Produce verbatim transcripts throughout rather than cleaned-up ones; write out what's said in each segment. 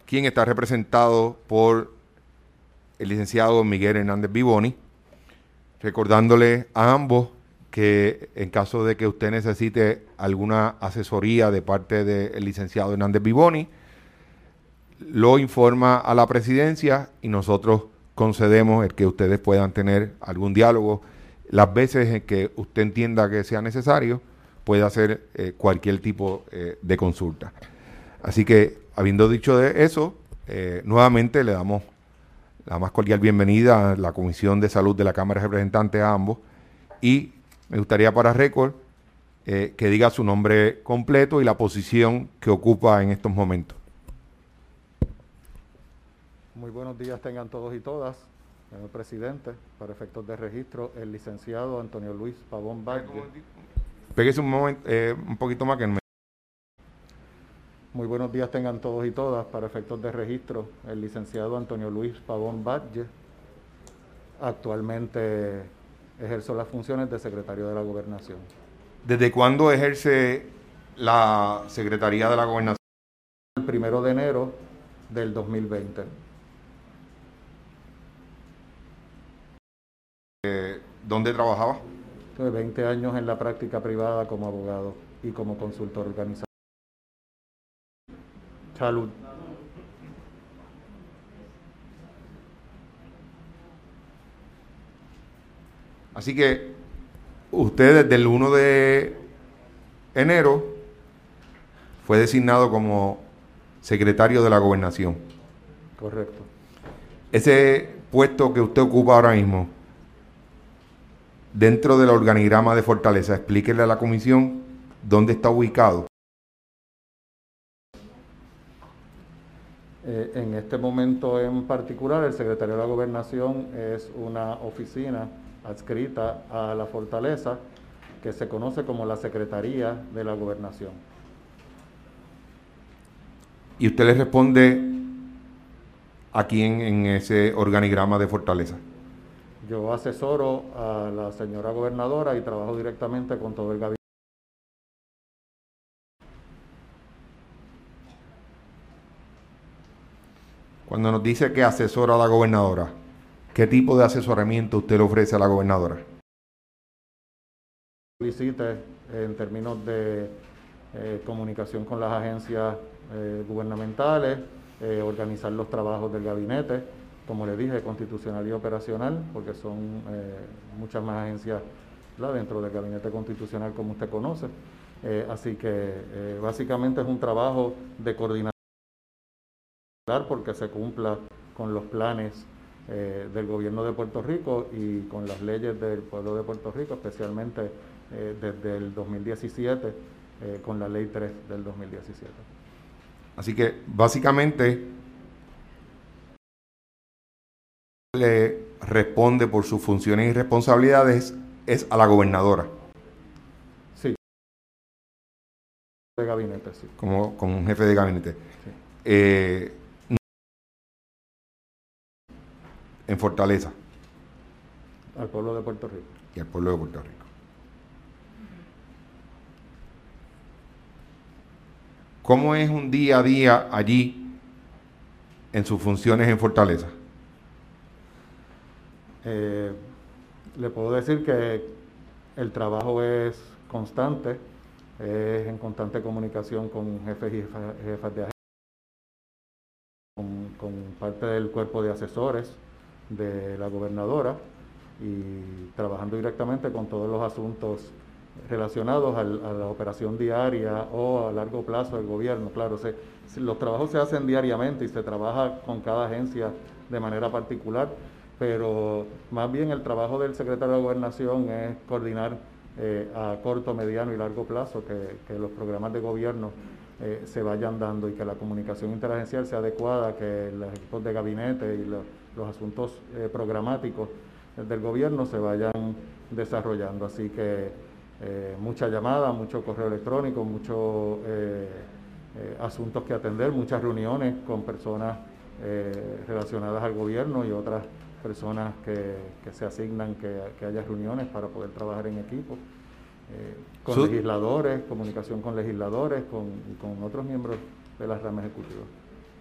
quien está representado por el licenciado Miguel Hernández Vivoni, recordándole a ambos que en caso de que usted necesite alguna asesoría de parte del licenciado Hernández Vivoni, lo informa a la presidencia y nosotros concedemos el que ustedes puedan tener algún diálogo. Las veces en que usted entienda que sea necesario, puede hacer eh, cualquier tipo eh, de consulta. Así que, habiendo dicho de eso, eh, nuevamente le damos la más cordial bienvenida a la Comisión de Salud de la Cámara de Representantes a ambos, y me gustaría para récord eh, que diga su nombre completo y la posición que ocupa en estos momentos. Muy buenos días tengan todos y todas. Señor presidente, para efectos de registro, el licenciado Antonio Luis Pavón Vázquez. Pégese un, momento, eh, un poquito más que me... Muy buenos días tengan todos y todas. Para efectos de registro, el licenciado Antonio Luis Pavón Vázquez actualmente ejerce las funciones de secretario de la Gobernación. ¿Desde cuándo ejerce la Secretaría de la Gobernación? El primero de enero del dos mil veinte. Eh, ¿Dónde trabajaba? Tuve veinte años en la práctica privada como abogado y como consultor organizacional. Salud. Así que usted desde el primero de enero fue designado como secretario de la Gobernación. Correcto. Ese puesto que usted ocupa ahora mismo, dentro del organigrama de Fortaleza, explíquele a la comisión dónde está ubicado. Eh, en este momento en particular, el secretario de la Gobernación es una oficina adscrita a la Fortaleza que se conoce como la Secretaría de la Gobernación. ¿Y usted le responde a quién en ese organigrama de Fortaleza? Yo asesoro a la señora gobernadora y trabajo directamente con todo el gabinete. Cuando nos dice que asesora a la gobernadora, ¿qué tipo de asesoramiento usted le ofrece a la gobernadora? Solicite en términos de eh, comunicación con las agencias eh, gubernamentales, eh, organizar los trabajos del gabinete, como le dije, constitucional y operacional, porque son eh, muchas más agencias, ¿verdad?, dentro del gabinete constitucional, como usted conoce. Eh, así que eh, básicamente es un trabajo de coordinación porque se cumpla con los planes eh, del gobierno de Puerto Rico y con las leyes del pueblo de Puerto Rico, especialmente eh, desde el dos mil diecisiete, eh, con la ley tres del dos mil diecisiete. Así que básicamente le responde por sus funciones y responsabilidades es a la gobernadora. Sí. De gabinete, sí. Como, como un jefe de gabinete. Sí. Eh, en Fortaleza. Al pueblo de Puerto Rico. Y al pueblo de Puerto Rico. ¿Cómo es un día a día allí en sus funciones en Fortaleza? Eh, le puedo decir que el trabajo es constante, es en constante comunicación con jefes y jefa, jefas de agencia, con, con parte del cuerpo de asesores de la gobernadora y trabajando directamente con todos los asuntos relacionados al, a la operación diaria o a largo plazo del gobierno. Claro, se, los trabajos se hacen diariamente y se trabaja con cada agencia de manera particular, pero más bien el trabajo del secretario de Gobernación es coordinar eh, a corto, mediano y largo plazo que, que los programas de gobierno eh, se vayan dando y que la comunicación interagencial sea adecuada, que los equipos de gabinete y lo, los asuntos eh, programáticos del gobierno se vayan desarrollando. Así que eh, mucha llamada, mucho correo electrónico, muchos eh, eh, asuntos que atender, muchas reuniones con personas eh, relacionadas al gobierno y otras personas que, que se asignan que, que haya reuniones para poder trabajar en equipo, eh, con Su legisladores, comunicación con legisladores, con, con otros miembros de las ramas ejecutivas.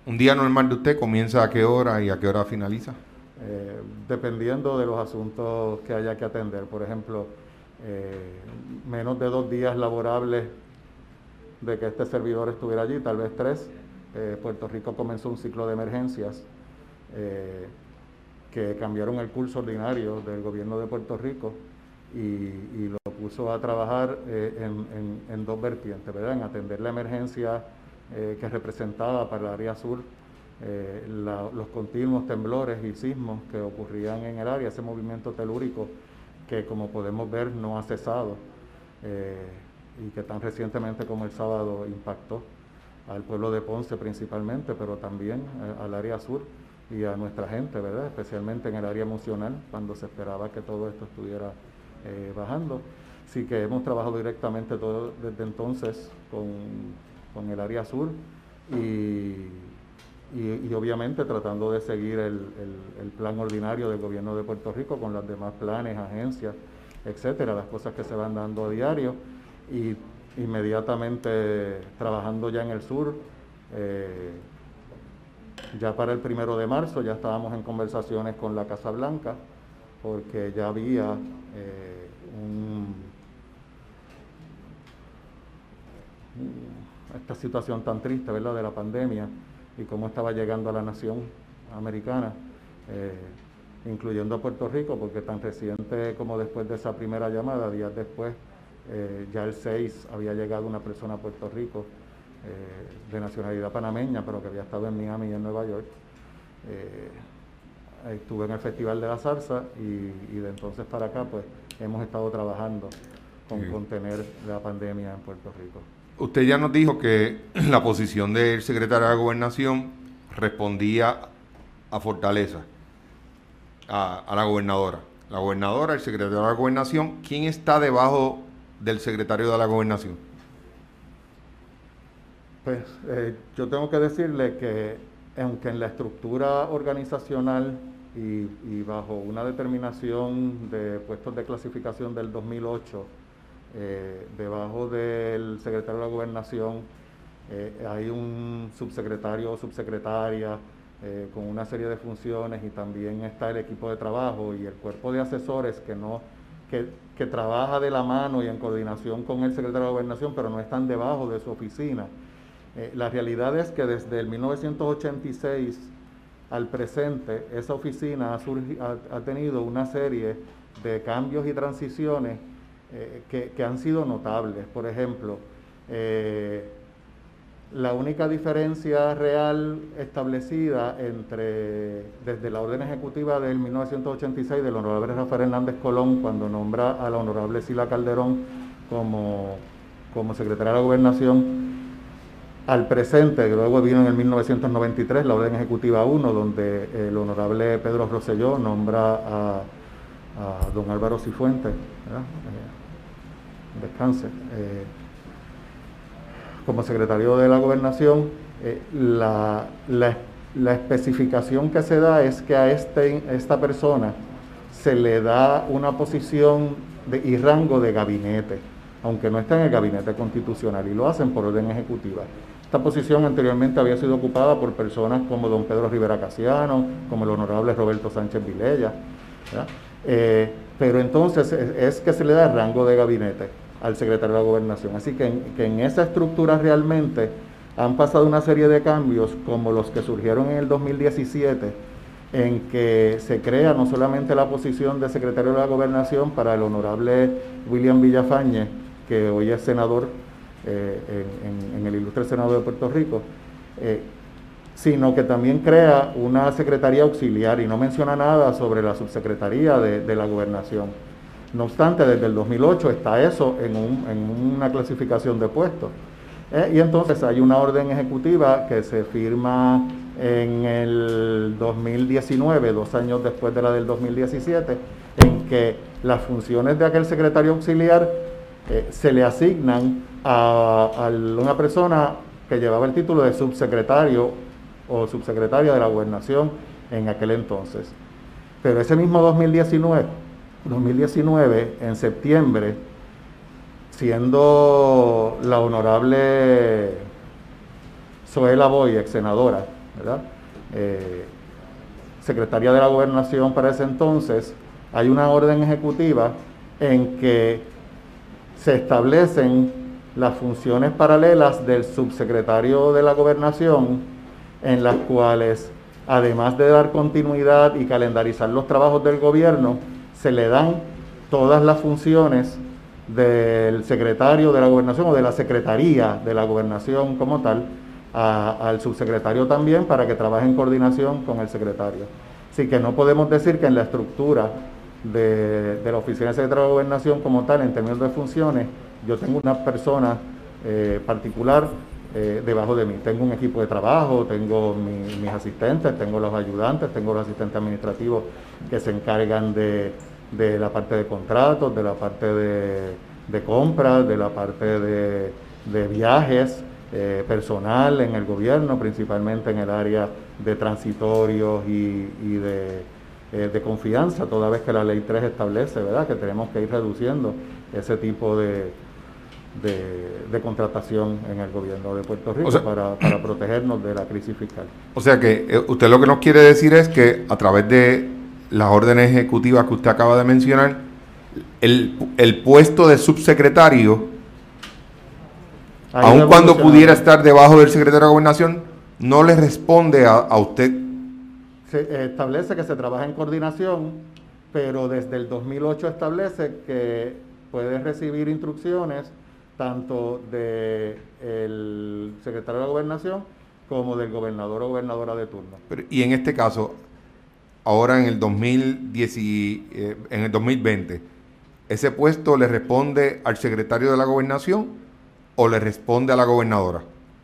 ¿Un día normal de usted comienza a qué hora y a qué hora finaliza? Eh, dependiendo de los asuntos que haya que atender. Por ejemplo, eh, menos de dos días laborables de que este servidor estuviera allí, tal vez tres, eh, Puerto Rico comenzó un ciclo de emergencias eh, que cambiaron el curso ordinario del gobierno de Puerto Rico y, y lo puso a trabajar eh, en, en, en dos vertientes, ¿verdad? En atender la emergencia eh, que representaba para el área sur eh, la, los continuos temblores y sismos que ocurrían en el área, ese movimiento telúrico que, como podemos ver, no ha cesado eh, y que tan recientemente como el sábado impactó al pueblo de Ponce principalmente, pero también eh, al área sur y a nuestra gente, ¿verdad? Especialmente en el área emocional, cuando se esperaba que todo esto estuviera eh, bajando. Así que hemos trabajado directamente todo, desde entonces con, con el área sur y, y, y obviamente tratando de seguir el, el, el plan ordinario del gobierno de Puerto Rico con los demás planes, agencias, etcétera, las cosas que se van dando a diario y inmediatamente trabajando ya en el sur. Eh, ya para el primero de marzo ya estábamos en conversaciones con la Casa Blanca porque ya había eh, un, esta situación tan triste, ¿verdad?, de la pandemia y cómo estaba llegando a la nación americana, eh, incluyendo a Puerto Rico, porque tan reciente como después de esa primera llamada, días después, eh, ya el seis había llegado una persona a Puerto Rico eh, de nacionalidad panameña, pero que había estado en Miami y en Nueva York. Eh, estuve en el Festival de la Zarza y, y de entonces para acá pues hemos estado trabajando con sí. contener la pandemia en Puerto Rico. Usted ya nos dijo que la posición del secretario de la Gobernación respondía a Fortaleza, a, a la gobernadora. La gobernadora, el secretario de la Gobernación, ¿quién está debajo del secretario de la Gobernación? Pues eh, yo tengo que decirle que aunque en la estructura organizacional y, y bajo una determinación de puestos de clasificación del dos mil ocho, eh, debajo del secretario de la Gobernación eh, hay un subsecretario o subsecretaria eh, con una serie de funciones y también está el equipo de trabajo y el cuerpo de asesores que no que, que trabaja de la mano y en coordinación con el secretario de la Gobernación, pero no están debajo de su oficina. Eh, la realidad es que desde el mil novecientos ochenta y seis al presente, esa oficina ha, surgi, ha, ha tenido una serie de cambios y transiciones eh, que, que han sido notables. Por ejemplo, eh, la única diferencia real establecida entre desde la orden ejecutiva del mil novecientos ochenta y seis del honorable Rafael Hernández Colón, cuando nombra a la honorable Sila Calderón como, como secretaria de la Gobernación, al presente, que luego vino en el mil novecientos noventa y tres la orden ejecutiva uno, donde el honorable Pedro Rosselló nombra a, a don Álvaro Cifuentes, ¿verdad? Eh, descanse, eh, como secretario de la Gobernación. eh, la, la, la especificación que se da es que a este, esta persona se le da una posición de, y rango de gabinete, aunque no está en el gabinete constitucional, y lo hacen por orden ejecutiva. Esta posición anteriormente había sido ocupada por personas como don Pedro Rivera Casiano, como el honorable Roberto Sánchez Vilella, eh, pero entonces es, es que se le da el rango de gabinete al secretario de la Gobernación. Así que en, que en esa estructura realmente han pasado una serie de cambios, como los que surgieron en el dos mil diecisiete, en que se crea no solamente la posición de secretario de la Gobernación para el honorable William Villafañe, que hoy es senador eh, en, en, en el ilustre Senado de Puerto Rico, eh, sino que también crea una secretaría auxiliar y no menciona nada sobre la subsecretaría de, de la Gobernación. No obstante, desde el dos mil ocho está eso en, un, en una clasificación de puestos. Eh, y entonces hay una orden ejecutiva que se firma en el dos mil diecinueve, dos años después de la del dos mil diecisiete, en que las funciones de aquel secretario auxiliar eh, se le asignan a, a una persona que llevaba el título de subsecretario o subsecretaria de la Gobernación en aquel entonces. Pero ese mismo dos mil diecinueve, dos mil diecinueve, en septiembre, siendo la honorable Zoela Boy, ex senadora, ¿verdad? Eh, secretaria de la Gobernación para ese entonces, hay una orden ejecutiva en que se establecen las funciones paralelas del subsecretario de la Gobernación, en las cuales, además de dar continuidad y calendarizar los trabajos del gobierno, se le dan todas las funciones del secretario de la Gobernación o de la Secretaría de la Gobernación como tal, a, al subsecretario también, para que trabaje en coordinación con el secretario. Así que no podemos decir que en la estructura de, de la Oficina del Secretario de la Gobernación como tal, en términos de funciones, yo tengo una persona eh, particular eh, debajo de mí. Tengo un equipo de trabajo, tengo mi, mis asistentes, tengo los ayudantes, tengo los asistentes administrativos que se encargan de, de la parte de contratos, de la parte de, de compras, de la parte de, de viajes, eh, personal en el gobierno, principalmente en el área de transitorios y, y de, eh, de confianza, toda vez que la ley tres establece, ¿verdad?, que tenemos que ir reduciendo ese tipo de, de, de contratación en el gobierno de Puerto Rico, o sea, para, para protegernos de la crisis fiscal. O sea que eh, usted lo que nos quiere decir es que a través de las órdenes ejecutivas que usted acaba de mencionar, el, el puesto de subsecretario, aun cuando pudiera estar debajo del secretario de Gobernación, no le responde a, a usted. Se establece que se trabaja en coordinación, pero desde el dos mil ocho establece que puede recibir instrucciones tanto del secretario de la Gobernación como del gobernador o gobernadora de turno. Pero, y en este caso, ahora en el dos mil diez, eh, en el dos mil veinte, ¿ese puesto le responde al secretario de la Gobernación o le responde a la gobernadora?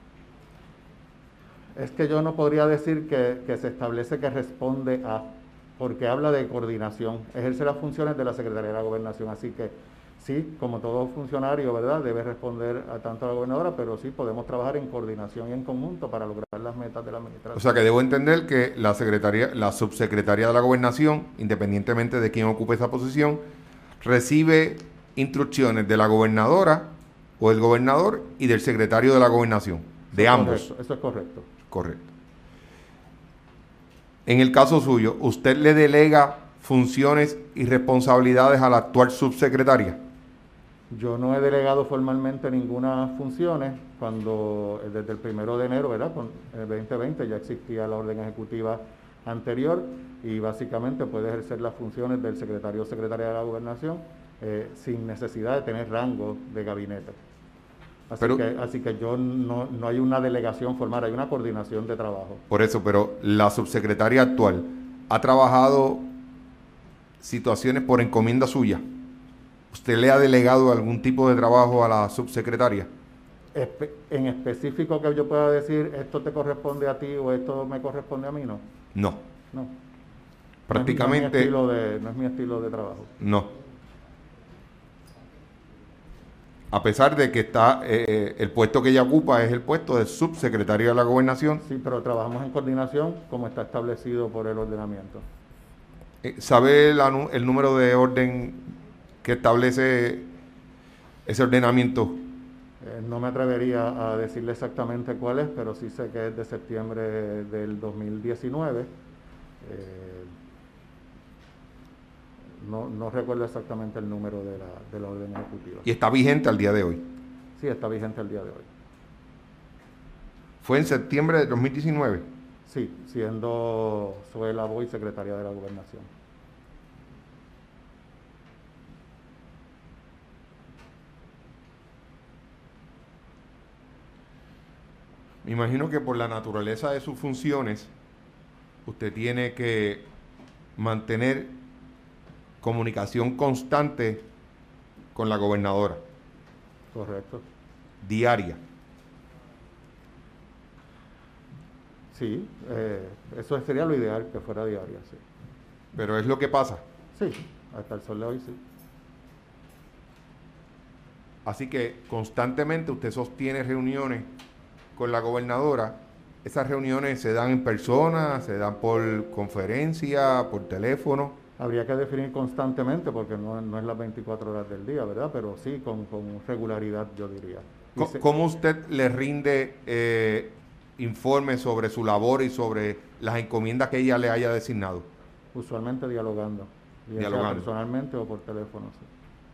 Es que yo no podría decir que, que se establece que responde a, porque habla de coordinación, ejerce las funciones de la Secretaría de la Gobernación, así que sí, como todo funcionario, ¿verdad?, debe responder a tanto a la gobernadora, pero sí podemos trabajar en coordinación y en conjunto para lograr las metas de la administración. O sea que debo entender que la secretaría, la subsecretaría de la Gobernación, independientemente de quién ocupe esa posición, recibe instrucciones de la gobernadora o el gobernador y del secretario de la Gobernación, de eso ambos. Correcto, eso es correcto. Correcto. En el caso suyo, ¿usted le delega funciones y responsabilidades a la actual subsecretaria? Yo no he delegado formalmente ninguna funciones. Cuando desde el primero de enero, ¿verdad?, con el veinte veinte ya existía la orden ejecutiva anterior y básicamente puede ejercer las funciones del secretario o secretaria de la Gobernación eh, sin necesidad de tener rango de gabinete. Así, pero, que, así que yo no, no hay una delegación formal, hay una coordinación de trabajo. Por eso, pero la subsecretaria actual ha trabajado situaciones por encomienda suya. ¿Usted le ha delegado algún tipo de trabajo a la subsecretaria? Espe en específico que yo pueda decir, esto te corresponde a ti o esto me corresponde a mí, ¿no? No. No. Prácticamente. No es, no es mi estilo de, no es mi estilo de trabajo. No. A pesar de que está eh, el puesto que ella ocupa es el puesto de subsecretario de la Gobernación. Sí, pero trabajamos en coordinación como está establecido por el ordenamiento. Eh, ¿Sabe la, el número de orden que establece ese ordenamiento? Eh, no me atrevería a decirle exactamente cuál es, pero sí sé que es de septiembre del dos mil diecinueve. Eh, No, no recuerdo exactamente el número de la, de la orden ejecutiva. ¿Y está vigente al día de hoy? Sí, está vigente al día de hoy. ¿Fue en septiembre de dos mil diecinueve? Sí, siendo Zoela Boy secretaria de la Gobernación. Me imagino que por la naturaleza de sus funciones, usted tiene que mantener comunicación constante con la gobernadora. Correcto. Diaria. Sí, eh, eso sería lo ideal, que fuera diaria, sí. Pero es lo que pasa. Sí, hasta el sol de hoy sí. Así que constantemente usted sostiene reuniones con la gobernadora. Esas reuniones se dan en persona, se dan por conferencia, por teléfono. Habría que definir constantemente porque no, no es las veinticuatro horas del día, ¿verdad? Pero sí, con, con regularidad, yo diría. ¿Cómo, ¿Cómo usted le rinde eh, informe sobre su labor y sobre las encomiendas que ella le haya designado? Usualmente dialogando, ya sea Dialogando. personalmente o por teléfono. Sí.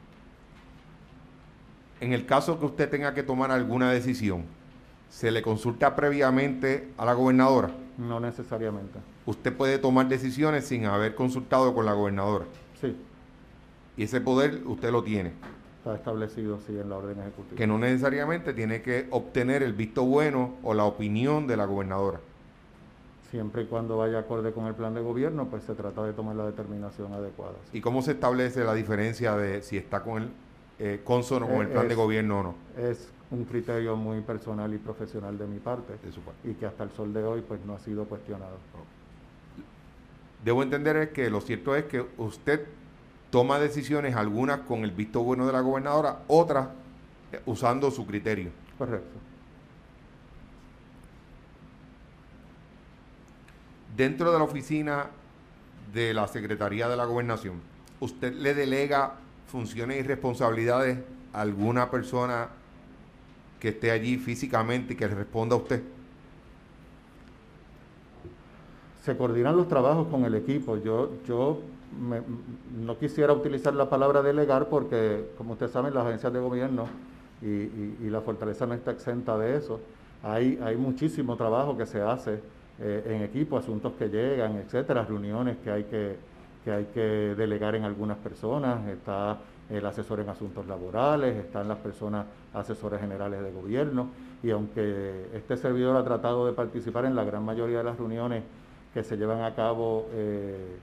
En el caso que usted tenga que tomar alguna decisión, ¿se le consulta previamente a la gobernadora? No necesariamente. Usted puede tomar decisiones sin haber consultado con la gobernadora. Sí, Y ese poder usted lo tiene. está establecido, sí, en la orden ejecutiva. Que no necesariamente tiene que obtener el visto bueno o la opinión de la gobernadora. Siempre y cuando vaya acorde con el plan de gobierno, pues se trata de tomar la determinación adecuada. Sí. ¿Y cómo se establece la diferencia de si está con el eh, consono con el plan es, de gobierno o no? Es un criterio muy personal y profesional de mi parte, De su parte. y que hasta el sol de hoy pues no ha sido cuestionado. Debo entender es que lo cierto es que usted toma decisiones, algunas con el visto bueno de la gobernadora, otras eh, usando su criterio. Correcto. Dentro de la oficina de la Secretaría de la Gobernación, ¿usted le delega funciones y responsabilidades a alguna persona que esté allí físicamente y que le responda a usted? Se coordinan los trabajos con el equipo. Yo, yo me, no quisiera utilizar la palabra delegar porque, como ustedes saben, las agencias de gobierno y, y, y la fortaleza no está exenta de eso. Hay, hay muchísimo trabajo que se hace eh, en equipo, asuntos que llegan, etcétera, reuniones que hay que, que hay que delegar en algunas personas. Está el asesor en asuntos laborales, están las personas asesores generales de gobierno, y aunque este servidor ha tratado de participar en la gran mayoría de las reuniones que se llevan a cabo eh,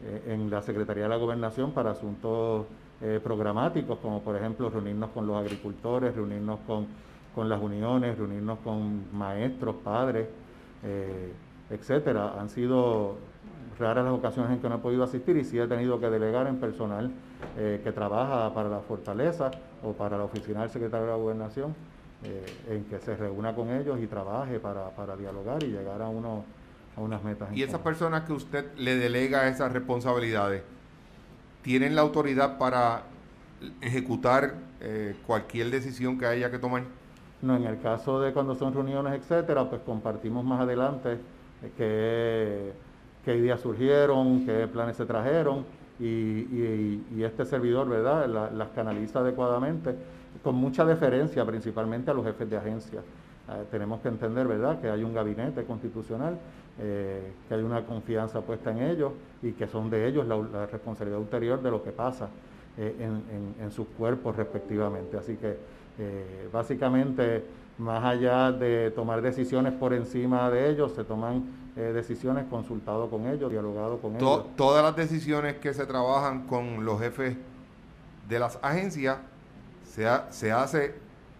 en la Secretaría de la Gobernación para asuntos eh, programáticos, como por ejemplo reunirnos con los agricultores, reunirnos con, con las uniones, reunirnos con maestros, padres, eh, etcétera. Han sido raras las ocasiones en que no he podido asistir, y sí he tenido que delegar en personal eh, que trabaja para la Fortaleza o para la oficina del secretario de la Gobernación, eh, en que se reúna con ellos y trabaje para, para dialogar y llegar a unos a unas metas. Y esas personas que usted le delega esas responsabilidades, ¿tienen la autoridad para ejecutar eh, cualquier decisión que haya que tomar? No, en el caso de cuando son reuniones, etcétera, pues compartimos más adelante eh, qué, qué ideas surgieron, qué planes se trajeron, y, y, y este servidor, ¿verdad?, la, las canaliza adecuadamente, con mucha deferencia principalmente a los jefes de agencia. Eh, tenemos que entender, ¿verdad?, que hay un gabinete constitucional, eh, que hay una confianza puesta en ellos y que son de ellos la, la responsabilidad ulterior de lo que pasa eh, en, en, en sus cuerpos respectivamente. Así que eh, básicamente, más allá de tomar decisiones por encima de ellos, se toman eh, decisiones consultado con ellos, dialogado con To ellos. Todas las decisiones que se trabajan con los jefes de las agencias se, ha, se hace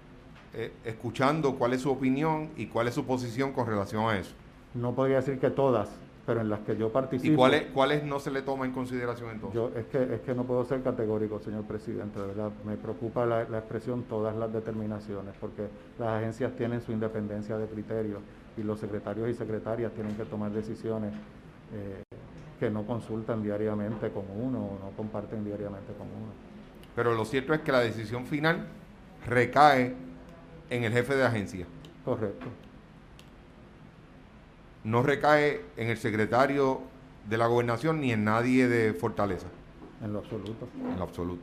eh, escuchando cuál es su opinión y cuál es su posición con relación a eso. No podría decir que todas, pero en las que yo participo. ¿Y cuáles cuáles no se le toma en consideración entonces? Yo, es, que, es que no puedo ser categórico, señor presidente, de verdad. Me preocupa la, la expresión todas las determinaciones, porque las agencias tienen su independencia de criterio y los secretarios y secretarias tienen que tomar decisiones eh, que no consultan diariamente con uno o no comparten diariamente con uno. Pero lo cierto es que la decisión final recae en el jefe de agencia. Correcto. No recae en el secretario de la gobernación ni en nadie de Fortaleza. En lo absoluto. En lo absoluto.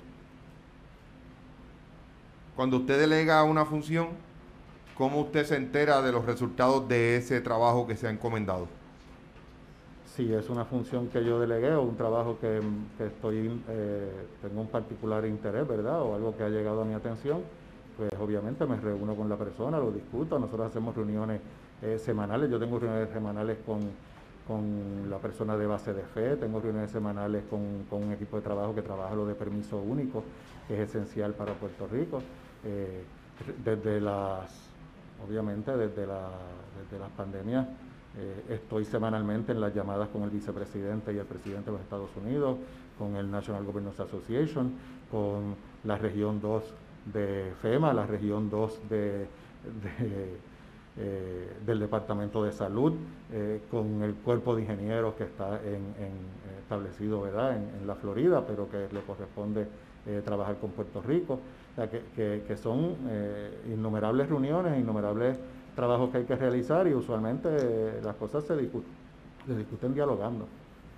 Cuando usted delega una función, ¿cómo usted se entera de los resultados de ese trabajo que se ha encomendado? Si es una función que yo delegué o un trabajo que, que estoy eh, tengo un particular interés, ¿verdad?, o algo que ha llegado a mi atención, pues obviamente me reúno con la persona, lo discuto. Nosotros hacemos reuniones eh, semanales. Yo tengo reuniones semanales con, con la persona de base de fe, tengo reuniones semanales con, con un equipo de trabajo que trabaja lo de permiso único, que es esencial para Puerto Rico. Eh, desde las, obviamente desde, la, desde las pandemias, eh, estoy semanalmente en las llamadas con el vicepresidente y el presidente de los Estados Unidos, con el National Governors Association, con la región dos de FEMA, la región dos de, de, eh, del Departamento de Salud, eh, con el cuerpo de ingenieros que está en, en, establecido, ¿verdad?, en, en la Florida, pero que le corresponde eh, trabajar con Puerto Rico. O sea, que, que, que son eh, innumerables reuniones, innumerables trabajos que hay que realizar y usualmente eh, las cosas se discuten, se discuten dialogando.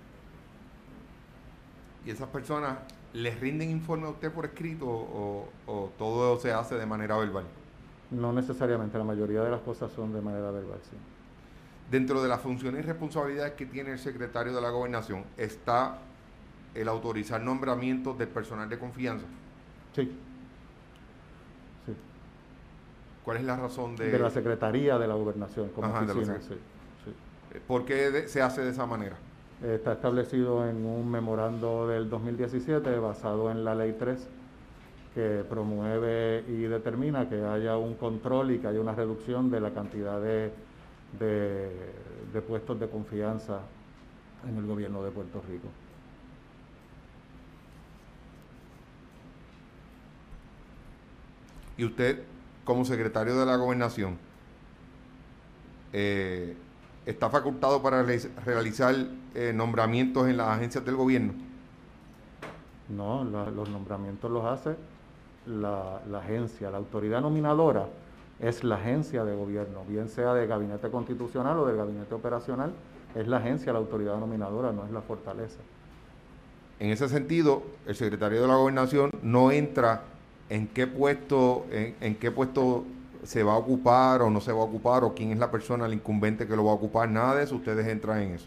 ¿Y esas personas les rinden informe a usted por escrito o, o todo se hace de manera verbal? No necesariamente, la mayoría de las cosas son de manera verbal, sí. Dentro de las funciones y responsabilidades que tiene el secretario de la Gobernación está el autorizar nombramientos del personal de confianza. Sí, sí. ¿Cuál es la razón de...? De la Secretaría de la Gobernación, como Ajá, de la oficina, sec- sí, sí. ¿Por qué de- se hace de esa manera? Está establecido en un memorando del dos mil diecisiete basado en la Ley tres, que promueve y determina que haya un control y que haya una reducción de la cantidad de, de, de puestos de confianza en el gobierno de Puerto Rico. Y usted, como secretario de la Gobernación, eh, está facultado para re- realizar eh, nombramientos en las agencias del gobierno. No, la, los nombramientos los hace la, la agencia, la autoridad nominadora es la agencia de gobierno, bien sea del gabinete constitucional o del gabinete operacional, es la agencia, la autoridad nominadora, no es la fortaleza. En ese sentido, el secretario de la Gobernación no entra en qué puesto, en, en qué puesto se va a ocupar o no se va a ocupar o quién es la persona, el incumbente que lo va a ocupar, nada de eso, ustedes entran en eso.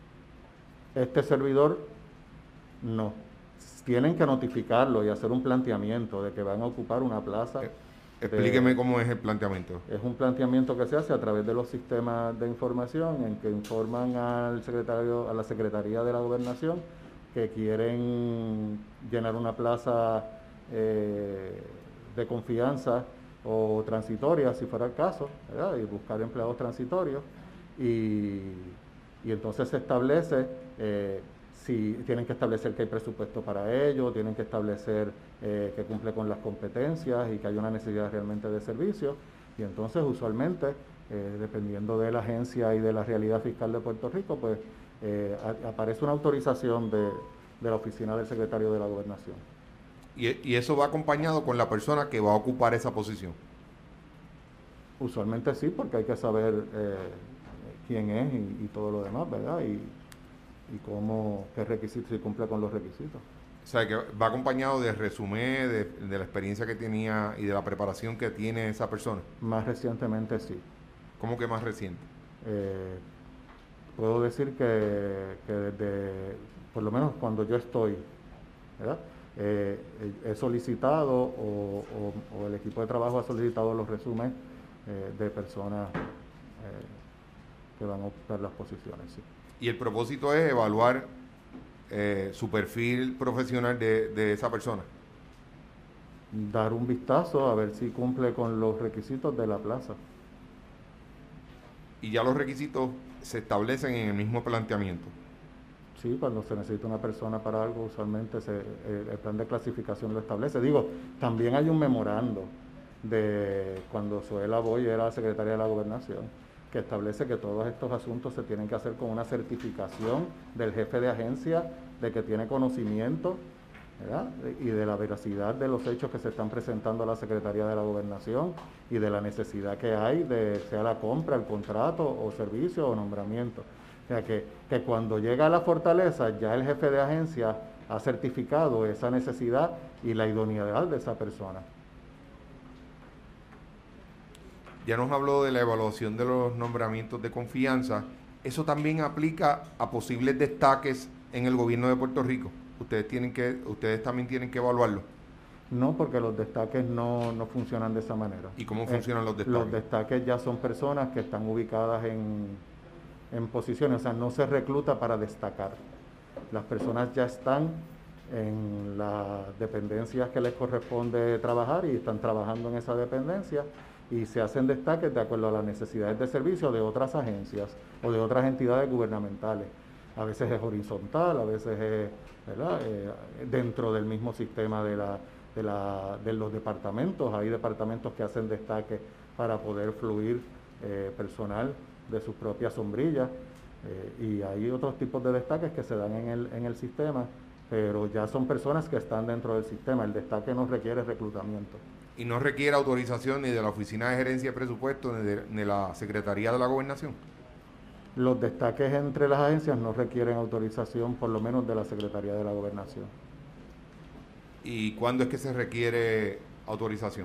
Este servidor no. Tienen que notificarlo y hacer un planteamiento de que van a ocupar una plaza. Eh, De, explíqueme cómo es el planteamiento. es un planteamiento que se hace a través de los sistemas de información en que informan al secretario, a la Secretaría de la Gobernación que quieren llenar una plaza eh, de confianza o transitoria, si fuera el caso, ¿verdad? Y buscar empleados transitorios. Y, y entonces se establece, eh, si tienen que establecer que hay presupuesto para ello, tienen que establecer eh, que cumple con las competencias y que hay una necesidad realmente de servicio. Y entonces usualmente, eh, dependiendo de la agencia y de la realidad fiscal de Puerto Rico, pues eh, a, aparece una autorización de, de la oficina del secretario de la Gobernación. Y, y eso va acompañado con la persona que va a ocupar esa posición. Usualmente sí, porque hay que saber eh, quién es y, y todo lo demás, ¿verdad? Y, y cómo, qué requisitos, si cumple con los requisitos. O sea, que va acompañado de resumen, de, de la experiencia que tenía y de la preparación que tiene esa persona. Más recientemente sí. ¿Cómo que más reciente? Eh, puedo decir que, que desde, por lo menos cuando yo estoy, ¿verdad? Eh, he solicitado o, o, o el equipo de trabajo ha solicitado los resúmenes eh, de personas eh, que van a ocupar las posiciones, sí. Y el propósito es evaluar eh, su perfil profesional de, de esa persona. Dar un vistazo a ver si cumple con los requisitos de la plaza. Y ya los requisitos se establecen en el mismo planteamiento. Sí, cuando se necesita una persona para algo, usualmente se, eh, el plan de clasificación lo establece. Digo, también hay un memorando de cuando Zoela Boy era secretaria de la Gobernación, que establece que todos estos asuntos se tienen que hacer con una certificación del jefe de agencia de que tiene conocimiento, ¿verdad? Y de la veracidad de los hechos que se están presentando a la Secretaría de la Gobernación y de la necesidad que hay de sea la compra, el contrato o servicio o nombramiento. O sea que, que cuando llega a la fortaleza ya el jefe de agencia ha certificado esa necesidad y la idoneidad de esa persona. Ya nos habló de la evaluación de los nombramientos de confianza. Eso también aplica a posibles destaques en el gobierno de Puerto Rico. Ustedes tienen que, ustedes también tienen que evaluarlo. No, porque los destaques no, no funcionan de esa manera. ¿Y cómo funcionan eh, los destaques? Los destaques ya son personas que están ubicadas en, en posiciones, o sea, no se recluta para destacar. Las personas ya están en las dependencias que les corresponde trabajar y están trabajando en esa dependencia y se hacen destaques de acuerdo a las necesidades de servicio de otras agencias o de otras entidades gubernamentales. A veces es horizontal, a veces es, ¿verdad? Eh, dentro del mismo sistema de, la, de, la, de los departamentos. Hay departamentos que hacen destaques para poder fluir eh, personal de sus propias sombrillas. Eh, y hay otros tipos de destaques que se dan en el, en el sistema, pero ya son personas que están dentro del sistema. El destaque no requiere reclutamiento. ¿Y no requiere autorización ni de la Oficina de Gerencia de Presupuesto ni de, ni de la Secretaría de la Gobernación? Los destaques entre las agencias no requieren autorización, por lo menos de la Secretaría de la Gobernación. ¿Y cuándo es que se requiere autorización?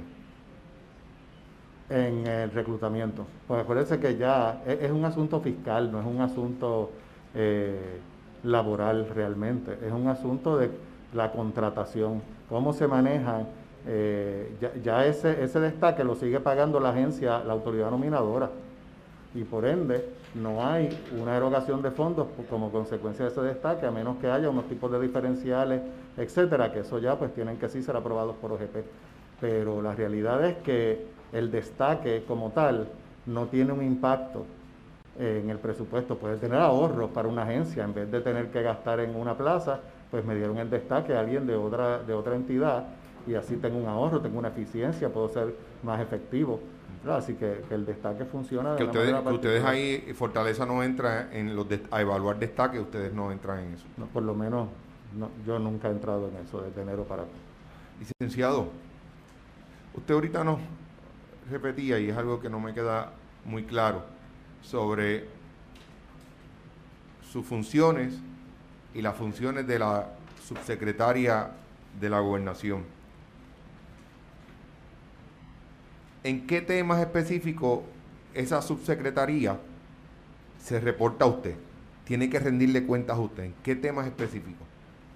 En el reclutamiento. Pues acuérdense que ya es, es un asunto fiscal, no es un asunto eh, laboral realmente, es un asunto de la contratación, cómo se maneja, eh, ya, ya ese, ese destaque lo sigue pagando la agencia, la autoridad nominadora, y por ende no hay una erogación de fondos como consecuencia de ese destaque, a menos que haya unos tipos de diferenciales, etcétera, que eso ya pues tienen que sí ser aprobados por O G P. Pero la realidad es que el destaque como tal no tiene un impacto en el presupuesto. Puede tener ahorros para una agencia, en vez de tener que gastar en una plaza, pues me dieron el destaque a alguien de otra, de otra entidad y así tengo un ahorro, tengo una eficiencia, puedo ser más efectivo. ¿Verdad? Así que, que el destaque funciona de Que una ustedes, manera que ustedes particular. ahí, Fortaleza no entra en los de, a evaluar destaque, ustedes no entran en eso. No, por lo menos no, yo nunca he entrado en eso desde enero para acá. Licenciado, usted ahorita nos repetía, y es algo que no me queda muy claro, sobre sus funciones y las funciones de la subsecretaria de la Gobernación. ¿En qué temas específicos esa subsecretaría se reporta a usted? Tiene que rendirle cuentas a usted. ¿En qué temas específicos?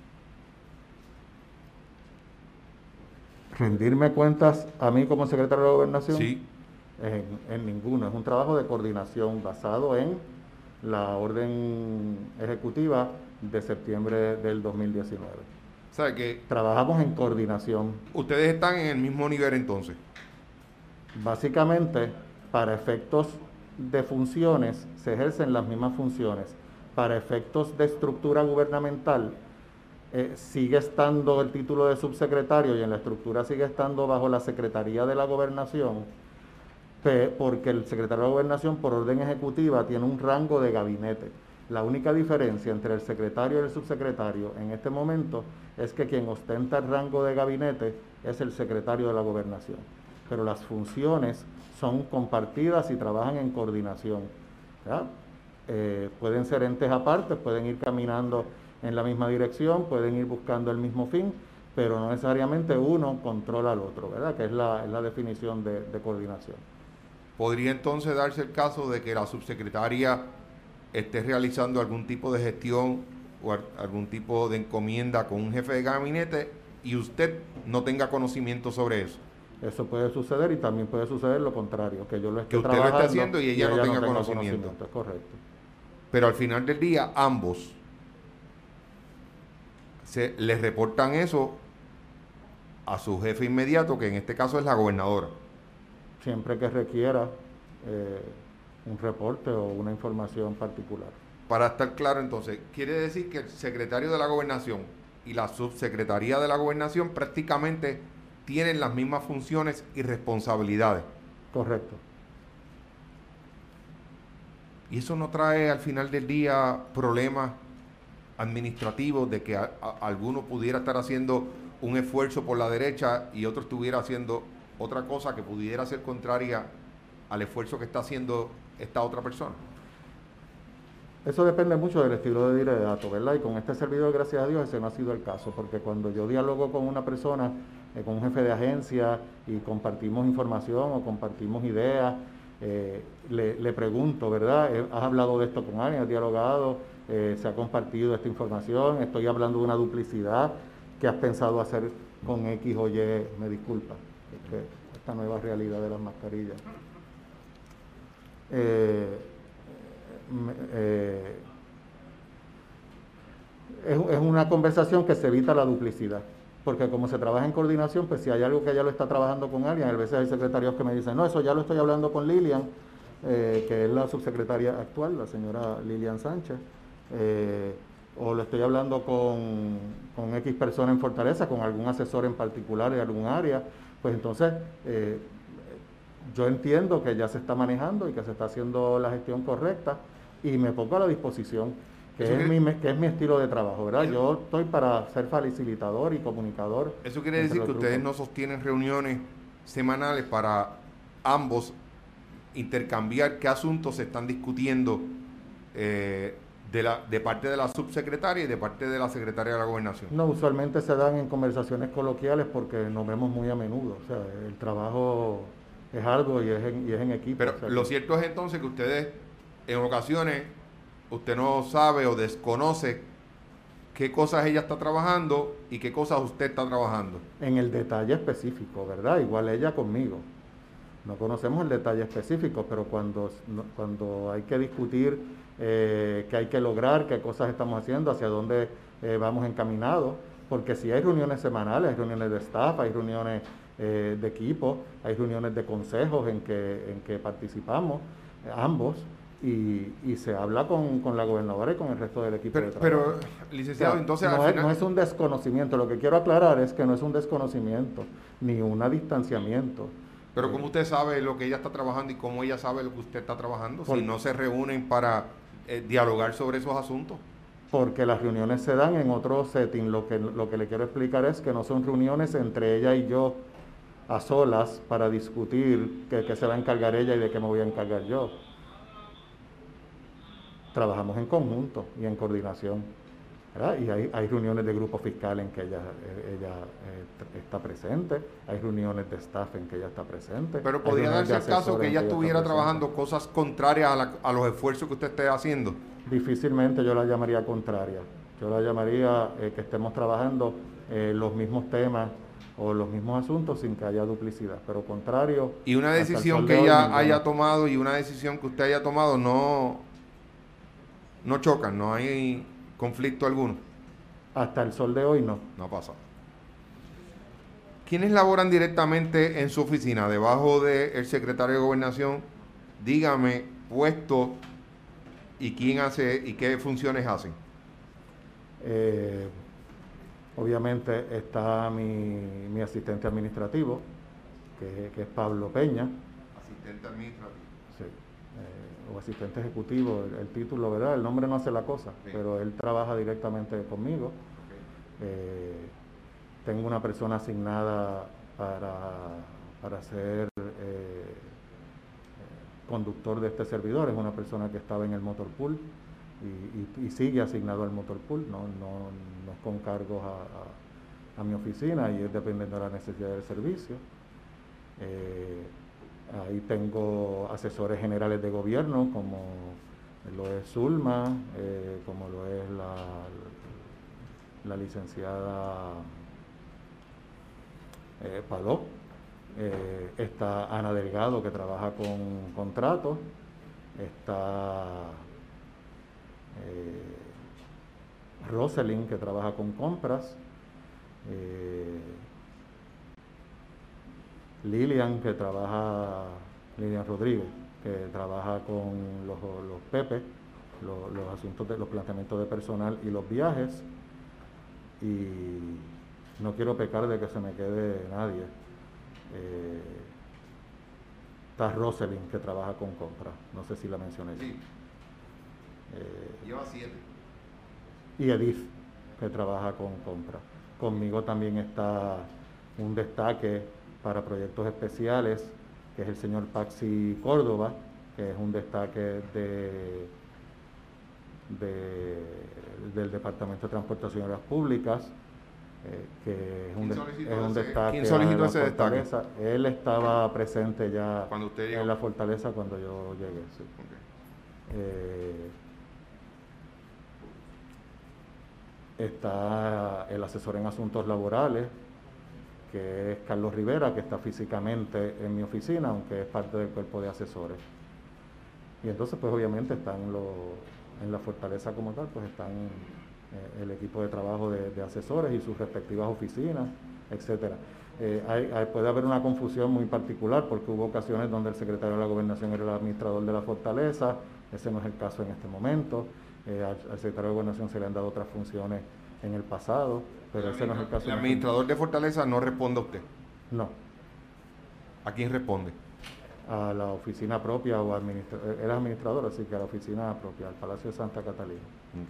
Rendirme cuentas a mí como secretario de la Gobernación, Sí. en, en ninguno. Es un trabajo de coordinación basado en la orden ejecutiva de septiembre del dos mil diecinueve. O sea que Trabajamos en coordinación. ustedes están en el mismo nivel entonces. Básicamente, para efectos de funciones, se ejercen las mismas funciones. Para efectos de estructura gubernamental, eh, sigue estando el título de subsecretario y en la estructura sigue estando bajo la Secretaría de la Gobernación, porque el secretario de la Gobernación, por orden ejecutiva, tiene un rango de gabinete. La única diferencia entre el secretario y el subsecretario en este momento es que quien ostenta el rango de gabinete es el secretario de la Gobernación. Pero las funciones son compartidas y trabajan en coordinación. Eh, pueden ser entes aparte, pueden ir caminando en la misma dirección, pueden ir buscando el mismo fin, pero no necesariamente uno controla al otro, ¿verdad? Que es la, es la definición de, de coordinación. ¿Podría entonces darse el caso de que la subsecretaria esté realizando algún tipo de gestión o algún tipo de encomienda con un jefe de gabinete y usted no tenga conocimiento sobre eso? Eso puede suceder y también puede suceder lo contrario, que yo lo esté Que usted lo trabajando esté haciendo y ella, y ella no, tenga no tenga conocimiento. conocimiento. Es correcto. Pero al final del día, ambos se les reportan eso a su jefe inmediato, que en este caso es la gobernadora. Siempre que requiera eh, un reporte o una información particular. Para estar claro entonces, quiere decir que el secretario de la Gobernación y la subsecretaría de la Gobernación prácticamente tienen las mismas funciones y responsabilidades. Correcto. Y eso no trae al final del día problemas administrativos de que a, a, alguno pudiera estar haciendo un esfuerzo por la derecha y otro estuviera haciendo otra cosa que pudiera ser contraria al esfuerzo que está haciendo esta otra persona. Eso depende mucho del estilo de liderato, ¿verdad? Y con este servidor, gracias a Dios, ese no ha sido el caso, porque cuando yo dialogo con una persona, eh, con un jefe de agencia, y compartimos información o compartimos ideas, eh, le, le pregunto, ¿verdad? Eh, ¿Has hablado de esto con alguien? ¿Has dialogado? Eh, ¿Se ha compartido esta información? Estoy hablando de una duplicidad. ¿Qué has pensado hacer con X o Y? Me disculpa, es que esta nueva realidad de las mascarillas. Eh, Eh, es, es una conversación que se evita la duplicidad, porque como se trabaja en coordinación, pues si hay algo que ya lo está trabajando con alguien, a veces hay secretarios que me dicen, no, eso ya lo estoy hablando con Lilian, eh, que es la subsecretaria actual, la señora Lilian Sánchez, eh, o lo estoy hablando con, con X persona en Fortaleza, con algún asesor en particular de algún área, pues entonces eh, yo entiendo que ya se está manejando y que se está haciendo la gestión correcta, y me pongo a la disposición, que es, mi, que es mi estilo de trabajo, ¿verdad? Eso, yo estoy para ser facilitador y comunicador. Eso quiere decir que ustedes no sostienen reuniones semanales para ambos intercambiar qué asuntos se están discutiendo eh, de, la, de parte de la subsecretaria y de parte de la secretaria de la Gobernación. No, usualmente se dan en conversaciones coloquiales porque nos vemos muy a menudo. O sea, el trabajo es algo y es en, y es en equipo. Pero O sea lo que cierto es entonces que ustedes, en ocasiones, usted no sabe o desconoce qué cosas ella está trabajando y qué cosas usted está trabajando. en el detalle específico, ¿verdad? Igual ella conmigo. No conocemos el detalle específico, pero cuando, no- cuando hay que discutir eh, qué hay que lograr, qué cosas estamos haciendo, hacia dónde eh, vamos encaminados, porque si hay reuniones semanales, hay reuniones de staff, hay reuniones eh, de equipo, hay reuniones de consejos en que, en que participamos eh, ambos y, y se habla con, con la gobernadora y con el resto del equipo Pero, de trabajo. pero O licenciado, sea, entonces al no es, final... no es un desconocimiento, lo que quiero aclarar es que no es un desconocimiento ni un distanciamiento. Pero ¿cómo Eh, usted sabe lo que ella está trabajando y cómo ella sabe lo que usted está trabajando si por, no se reúnen para eh, dialogar sobre esos asuntos? porque las reuniones se dan en otro setting. Lo que, lo que le quiero explicar es que no son reuniones entre ella y yo a solas para discutir qué qué se va a encargar ella y de qué me voy a encargar yo. Trabajamos en conjunto y en coordinación, ¿verdad? Y hay, hay reuniones de grupo fiscal en que ella, eh, ella eh, está presente, hay reuniones de staff en que ella está presente, Pero hay podría reuniones de darse el caso que asesores en ella que ella está estuviera presente. trabajando cosas contrarias a, la- a los esfuerzos que usted esté haciendo. Difícilmente yo la llamaría contraria. Yo la llamaría eh, que estemos trabajando eh, los mismos temas o los mismos asuntos sin que haya duplicidad. Pero contrario, Y una hasta el decisión sol de que hoy, ella ninguno. haya tomado y una decisión que usted haya tomado no, no chocan, no hay conflicto alguno. Hasta el sol de hoy no. No pasa. ¿Quiénes laboran directamente en su oficina, debajo del secretario de Gobernación? Dígame puesto y quién hace y qué funciones hacen. Eh, obviamente está mi, mi asistente administrativo, que, que es Pablo Peña, Asistente administrativo. sí, eh, o asistente ejecutivo, el, el título, ¿verdad? El nombre no hace la cosa, Sí. pero él trabaja directamente conmigo. Ok. Eh, tengo una persona asignada para, para ser eh, conductor de este servidor, es una persona que estaba en el motor pool y, y, y sigue asignado al motor pool, no, no, no es con cargos a, a, a mi oficina y es dependiendo de la necesidad del servicio. Eh, ahí tengo asesores generales de gobierno como lo es Zulma, eh, como lo es la, la licenciada eh, Palop. Eh, está Ana Delgado, que trabaja con contratos. Está eh, Roselyn, que trabaja con compras. Eh, Lilian, que trabaja, Lilian Rodríguez, que trabaja con los, los P P, los, los asuntos de los planteamientos de personal y los viajes. Y no quiero pecar de que se me quede nadie. Eh, está Roselyn, que trabaja con compra, no sé si la mencioné. Sí. Eh, Lleva siete. y Edith, que trabaja con compra. Conmigo también está un destaque para proyectos especiales, que es el señor Paxi Córdoba, que es un destaque de, de, del Departamento de Transportación y Obras Públicas, eh, que es un, ¿Quién de, solicitó es un ese- destaque quién solicitó a la ese destaque? fortaleza. Él estaba presente ya Cuando usted llegó. en la fortaleza cuando yo llegué. Sí. Ok. Eh, está el asesor en asuntos laborales, que es Carlos Rivera, que está físicamente en mi oficina, aunque es parte del cuerpo de asesores. Y entonces, pues obviamente están los, en la fortaleza como tal, pues están eh, el equipo de trabajo de, de asesores y sus respectivas oficinas, etcétera. Eh, hay, hay, puede haber una confusión muy particular porque hubo ocasiones donde el secretario de la Gobernación era el administrador de la fortaleza, ese no es el caso en este momento. Eh, al, al secretario de Gobernación se le han dado otras funciones en el pasado, pero El, ese no es el caso. el en administrador de Fortaleza no responde a usted. No, ¿A quién responde? a la oficina propia o administra él es administrador, así que a la oficina propia, al Palacio de Santa Catalina. Okay.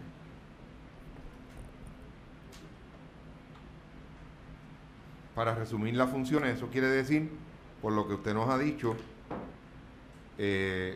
Para resumir las funciones, eso quiere decir por lo que usted nos ha dicho, eh,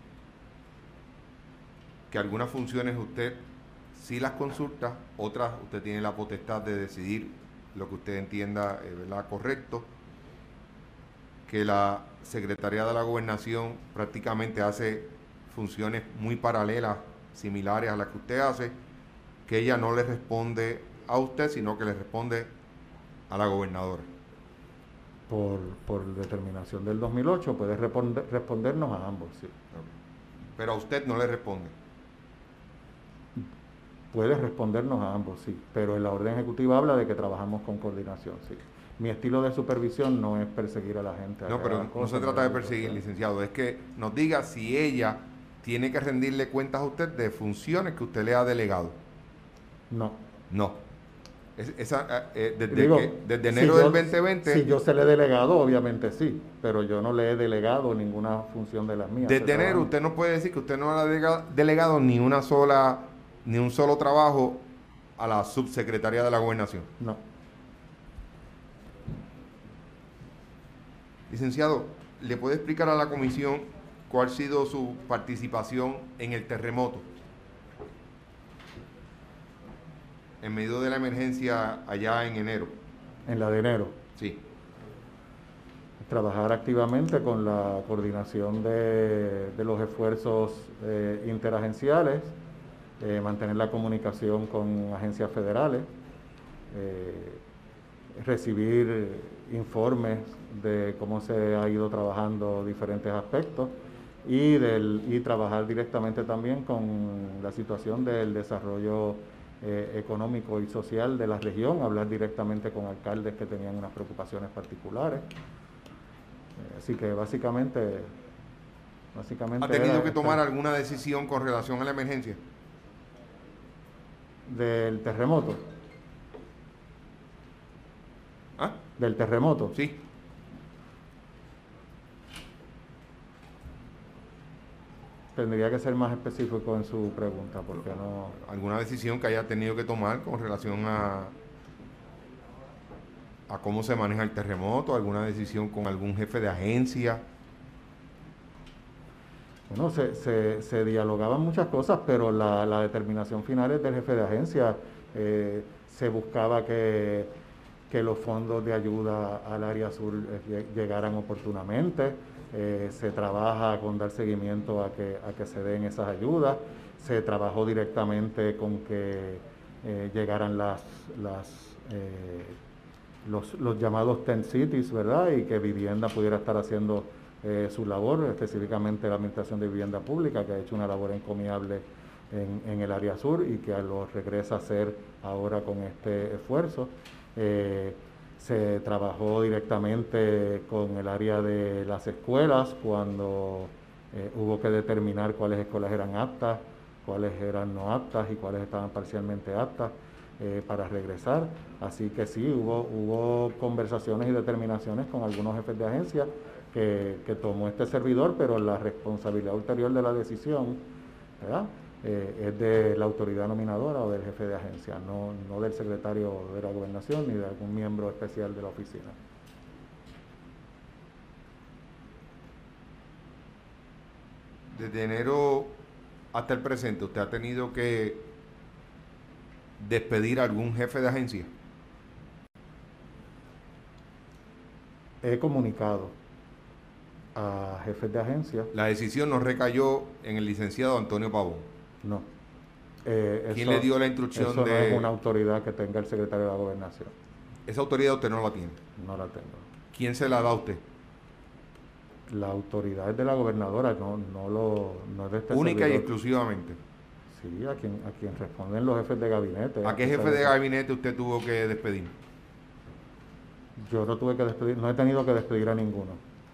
que algunas funciones usted sí las consulta, otras usted tiene la potestad de decidir lo que usted entienda, eh, ¿verdad?, correcto, que la Secretaría de la Gobernación prácticamente hace funciones muy paralelas, similares a las que usted hace, que ella no le responde a usted, sino que le responde a la gobernadora. Por, por determinación del dos mil ocho puede responder, respondernos a ambos, sí. Pero a usted no le responde. Puede respondernos a ambos, sí, pero en la orden ejecutiva habla de que trabajamos con coordinación, sí. Mi estilo de supervisión no es perseguir a la gente. A No, pero no se trata de perseguir, licenciado, es que nos diga si ella tiene que rendirle cuentas a usted de funciones que usted le ha delegado. No. No. Es, esa, eh, desde, Digo, que, desde enero si yo, del veinte veinte... Si yo se le he delegado, obviamente sí, pero yo no le he delegado ninguna función de las mías. Desde enero usted no puede decir que usted no le ha delegado ni una sola, ni un solo trabajo a la subsecretaría de la Gobernación. No. Licenciado, ¿le puede explicar a la comisión cuál ha sido su participación en el terremoto? En medio de la emergencia allá en enero. En la de enero. Sí. Trabajar activamente con la coordinación de, de los esfuerzos eh, interagenciales, eh, mantener la comunicación con agencias federales, eh, recibir informes de cómo se ha ido trabajando diferentes aspectos y, del, y trabajar directamente también con la situación del desarrollo eh, económico y social de la región, hablar directamente con alcaldes que tenían unas preocupaciones particulares. Eh, así que básicamente, básicamente... ¿Ha tenido que tomar alguna decisión con relación a la emergencia? Del terremoto. ¿Ah? Del terremoto. Sí. Tendría que ser más específico en su pregunta, porque no... ¿Alguna decisión que haya tenido que tomar con relación a, a cómo se maneja el terremoto? ¿Alguna decisión con algún jefe de agencia? Bueno, se, se, se dialogaban muchas cosas, pero la, la determinación final es del jefe de agencia. Eh, se buscaba que, que los fondos de ayuda al área sur eh, llegaran oportunamente. Eh, se trabaja con dar seguimiento a que, a que se den esas ayudas. Se trabajó directamente con que eh, llegaran las, las, eh, los, los llamados tent cities, ¿verdad? Y que Vivienda pudiera estar haciendo eh, su labor, específicamente la Administración de Vivienda Pública, que ha hecho una labor encomiable en, en el área sur y que lo regresa a hacer ahora con este esfuerzo. Eh, Se trabajó directamente con el área de las escuelas cuando eh, hubo que determinar cuáles escuelas eran aptas, cuáles eran no aptas y cuáles estaban parcialmente aptas eh, para regresar. Así que sí, hubo, hubo conversaciones y determinaciones con algunos jefes de agencia que, que tomó este servidor, pero la responsabilidad ulterior de la decisión, ¿verdad?, Eh, es de la autoridad nominadora o del jefe de agencia, no, no del secretario de la Gobernación ni de algún miembro especial de la oficina. Desde enero hasta el presente, ¿usted ha tenido que despedir a algún jefe de agencia? He comunicado a jefes de agencia. La decisión no recayó en el licenciado Antonio Pavón. No. Eh, ¿Quién eso, le dio la instrucción eso de...? no es una autoridad que tenga el secretario de la Gobernación. Esa autoridad usted no la tiene. No la tengo. ¿Quién se la da a usted? La autoridad es de la gobernadora, no, no, lo, no es de este Única servidor. Y exclusivamente. Sí, a quien, a quien responden los jefes de gabinete. ¿A qué jefe de gabinete usted tuvo que despedir? Yo no tuve que despedir, no he tenido que despedir a ninguno.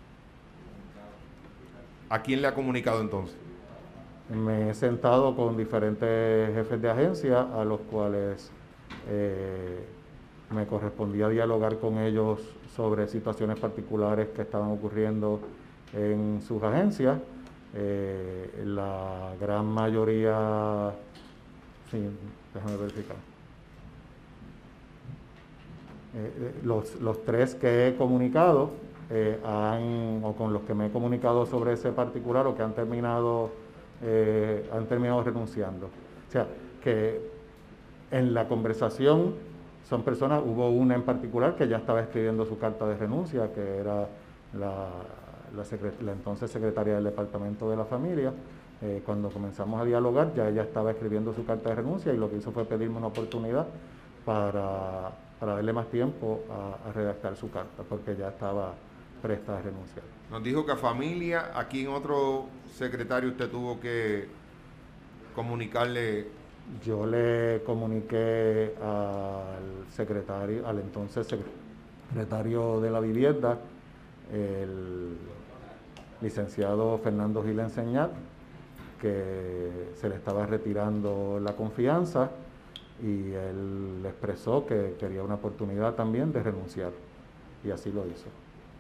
¿A quién le ha comunicado entonces? Me he sentado con diferentes jefes de agencia a los cuales eh, me correspondía dialogar con ellos sobre situaciones particulares que estaban ocurriendo en sus agencias. Eh, la gran mayoría, sí, déjame verificar. Eh, los, los tres que he comunicado eh, han, o con los que me he comunicado sobre ese particular, o que han terminado, eh, han terminado renunciando. O sea, que en la conversación son personas, hubo una en particular que ya estaba escribiendo su carta de renuncia, que era la, la, secret, la entonces secretaria del Departamento de la Familia. Eh, cuando comenzamos a dialogar, ya ella estaba escribiendo su carta de renuncia, y lo que hizo fue pedirme una oportunidad para, para darle más tiempo a, a redactar su carta, porque ya estaba presta a renunciar. Nos dijo que a Familia, aquí en otro secretario usted tuvo que comunicarle. Yo le comuniqué al secretario, al entonces secretario de la Vivienda, el licenciado Fernando Gil Enseñat, que se le estaba retirando la confianza, y él expresó que quería una oportunidad también de renunciar, y así lo hizo.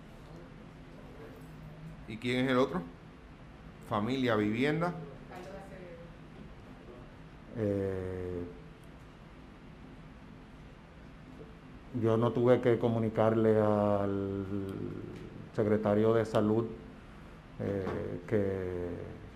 ¿Y quién es el otro? Familia, Vivienda. Eh, yo no tuve que comunicarle al secretario de Salud eh, que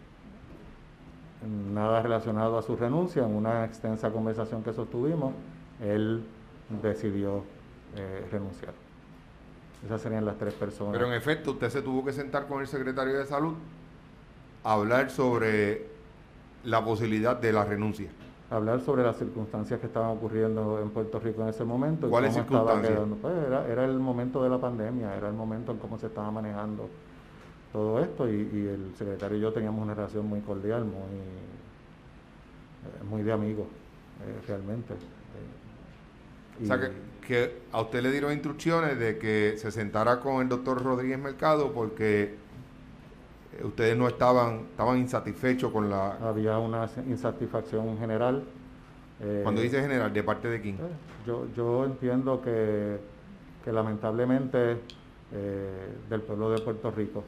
nada relacionado a su renuncia. En una extensa conversación que sostuvimos, él decidió eh, renunciar. Esas serían las tres personas. Pero en efecto, usted se tuvo que sentar con el secretario de Salud a hablar sobre la posibilidad de la renuncia. Hablar sobre las circunstancias que estaban ocurriendo en Puerto Rico en ese momento. ¿Cuáles circunstancias? Pues era, era el momento de la pandemia, era el momento en cómo se estaba manejando todo esto, y, y el secretario y yo teníamos una relación muy cordial, muy, eh, muy de amigos, eh, realmente. Eh, o sea, que, que a usted le dieron instrucciones de que se sentara con el doctor Rodríguez Mercado porque ustedes no estaban, estaban insatisfechos con la... Había una insatisfacción general. Eh, Cuando dice general, ¿de parte de quién? Eh, yo, yo entiendo que, que lamentablemente eh, del pueblo de Puerto Rico.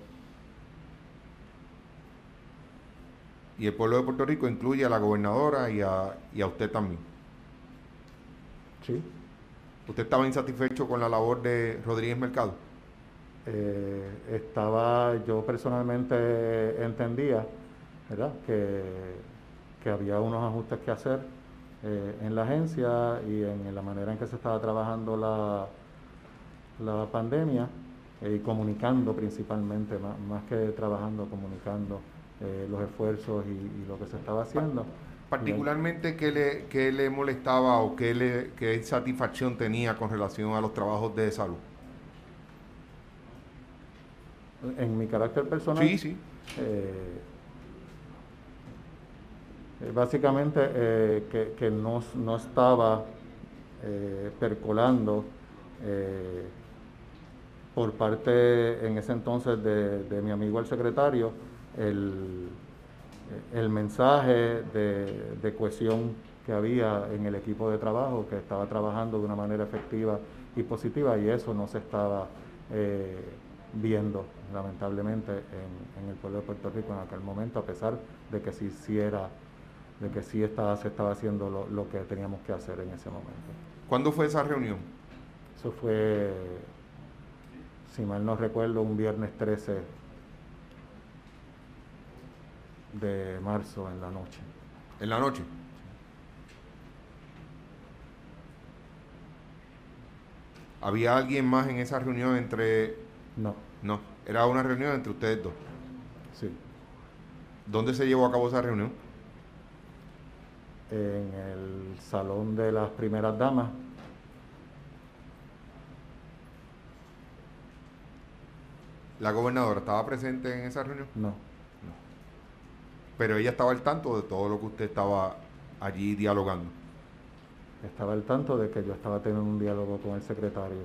Y el pueblo de Puerto Rico incluye a la gobernadora y a, y a usted también. Sí. ¿Usted estaba insatisfecho con la labor de Rodríguez Mercado? Eh, estaba, yo personalmente entendía, ¿verdad?, que, que había unos ajustes que hacer eh, en la agencia y en, en la manera en que se estaba trabajando la, la pandemia, eh, y comunicando principalmente, más, más que trabajando, comunicando eh, los esfuerzos y, y lo que se estaba haciendo. Particularmente, ¿qué le, qué le molestaba o qué, le, qué satisfacción tenía con relación a los trabajos de salud? En mi carácter personal, sí, sí. Eh, básicamente eh, que, que no, no estaba eh, percolando eh, por parte en ese entonces de, de mi amigo el secretario el, el mensaje de, de cohesión que había en el equipo de trabajo, que estaba trabajando de una manera efectiva y positiva, y eso no se estaba eh, viendo lamentablemente en, en el pueblo de Puerto Rico en aquel momento, a pesar de que sí, sí era, de que sí estaba, se estaba haciendo lo, lo que teníamos que hacer en ese momento. ¿Cuándo fue esa reunión? Eso fue, si mal no recuerdo, un viernes trece de marzo en la noche. ¿En la noche? ¿Había alguien más en esa reunión entre...? No. No, era una reunión entre ustedes dos. Sí. ¿Dónde se llevó a cabo esa reunión? En el salón de las primeras damas. ¿La gobernadora estaba presente en esa reunión? No. No. Pero ella estaba al tanto de todo lo que usted estaba allí dialogando. Estaba al tanto de que yo estaba teniendo un diálogo con el secretario.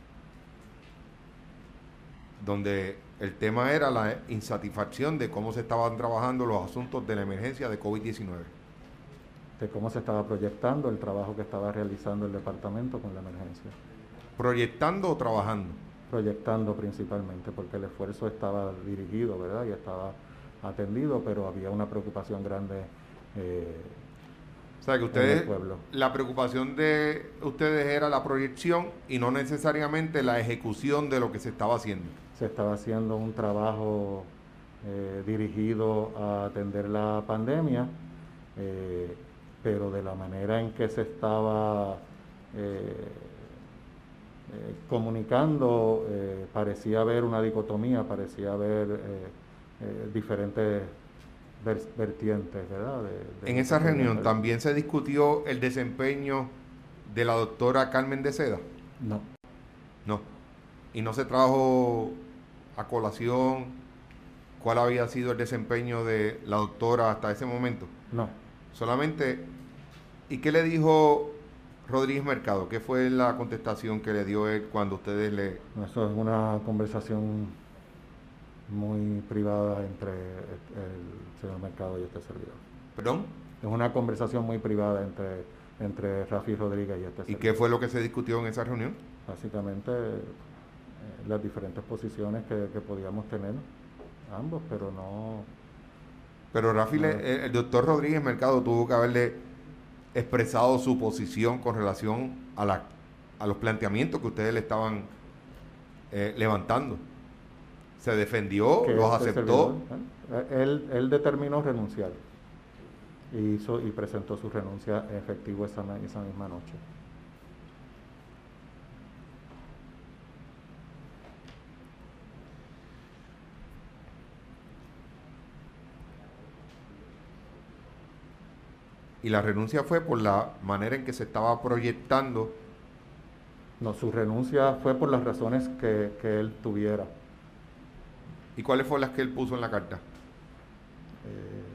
Donde el tema era la insatisfacción de cómo se estaban trabajando los asuntos de la emergencia de COVID diecinueve. De cómo se estaba proyectando el trabajo que estaba realizando el departamento con la emergencia. ¿Proyectando o trabajando? Proyectando principalmente, porque el esfuerzo estaba dirigido, ¿verdad? Y estaba atendido, pero había una preocupación grande eh, o sea, que ustedes, en el pueblo. La preocupación de ustedes era la proyección y no necesariamente la ejecución de lo que se estaba haciendo. se estaba haciendo un trabajo eh, dirigido a atender la pandemia, eh, pero de la manera en que se estaba eh, eh, comunicando, eh, parecía haber una dicotomía, parecía haber eh, eh, diferentes ver- vertientes, ¿verdad? De, de En lo que esa podía reunión hacer. también se discutió el desempeño de la doctora Carmen de Seda. No, No. Y no se trajo a colación cuál había sido el desempeño de la doctora hasta ese momento. no. Solamente, ¿y qué le dijo Rodríguez Mercado? ¿Qué fue la contestación que le dio él cuando ustedes le... No, eso es una conversación muy privada entre el señor Mercado y este servidor. ¿Perdón? Es una conversación muy privada entre, entre Rafi Rodríguez y este ¿Y qué servidor. fue lo que se discutió en esa reunión? Básicamente eh, las diferentes posiciones que, que podíamos tener ambos, pero no... Pero Rafi, no le- el doctor Rodríguez Mercado tuvo que haberle expresado su posición con relación a, la, a los planteamientos que ustedes le estaban eh, levantando. Se defendió, que los este servidor, aceptó. ¿eh? él, él determinó renunciar y hizo y presentó su renuncia en efectivo esa, esa misma noche. Y la renuncia fue por la manera en que se estaba proyectando. No, su renuncia fue por las razones que, que él tuviera. ¿Y cuáles fueron las que él puso en la carta? Eh,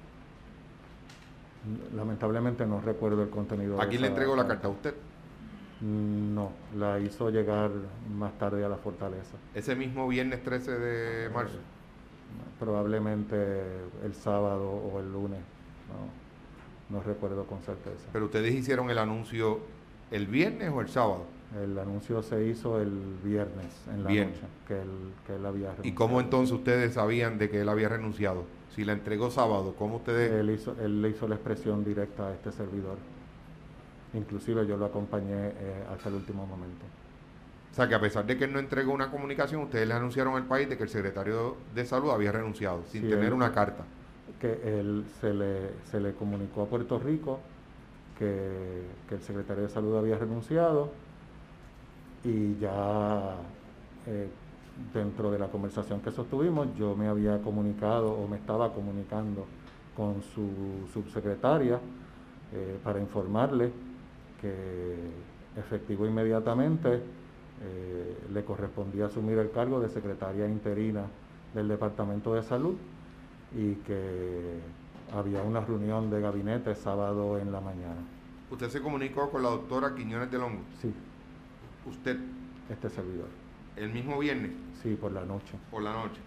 lamentablemente no recuerdo el contenido ¿A de quién le esa entregó la carta? carta. ¿A usted? No, la hizo llegar más tarde a la fortaleza. Ese mismo viernes trece de marzo. Eh, probablemente el sábado o el lunes, no, no recuerdo con certeza. Pero ustedes hicieron el anuncio el viernes o el sábado. El anuncio se hizo el viernes en la Viernes. noche, que él, que él había renunciado. ¿Y cómo entonces ustedes sabían de que él había renunciado? Si la entregó sábado, ¿cómo ustedes...? Él, hizo, él le hizo la expresión directa a este servidor. Inclusive yo lo acompañé eh, hasta el último momento. O sea, que a pesar de que él no entregó una comunicación, ustedes le anunciaron al país de que el secretario de Salud había renunciado, sin Sí, tener él- una carta. Que él se le, se le comunicó a Puerto Rico que, que el secretario de Salud había renunciado y ya eh, dentro de la conversación que sostuvimos yo me había comunicado o me estaba comunicando con su subsecretaria eh, para informarle que efectivo inmediatamente eh, le correspondía asumir el cargo de secretaria interina del Departamento de Salud y que había una reunión de gabinete sábado en la mañana. ¿Usted se comunicó con la doctora Quiñones del Hongo? Sí, ¿Usted este servidor. el mismo viernes Sí, por la noche. por la noche?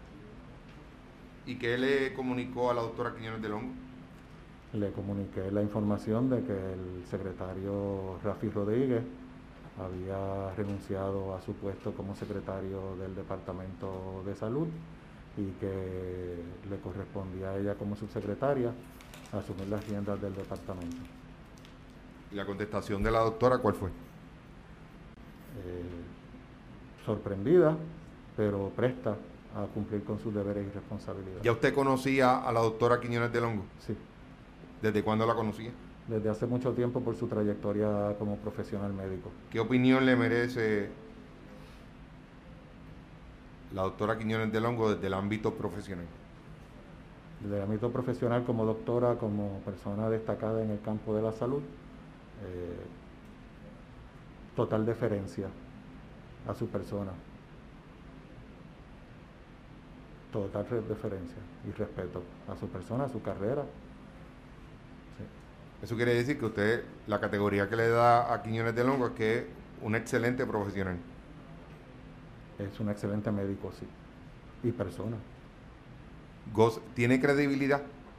¿Y qué le comunicó a la doctora Quiñones del Hongo? Le comuniqué la información de que el secretario Rafi Rodríguez había renunciado a su puesto como secretario del Departamento de Salud y que le correspondía a ella como subsecretaria asumir las riendas del departamento. ¿Y la contestación de la doctora cuál fue? Eh, sorprendida, pero presta a cumplir con sus deberes y responsabilidades. ¿Ya usted conocía a la doctora Quiñones del Hongo? Sí, ¿Desde cuándo la conocía? desde hace mucho tiempo por su trayectoria como profesional médico. ¿Qué opinión le merece la doctora Quiñones del Hongo desde el ámbito profesional? Desde el ámbito profesional como doctora, como persona destacada en el campo de la salud, eh, total deferencia a su persona. Total deferencia y respeto a su persona, a su carrera. Sí. Eso quiere decir que usted, la categoría que le da a Quiñones del Hongo es que es un excelente profesional. Es un excelente médico, sí, y persona. Goz, ¿tiene credibilidad?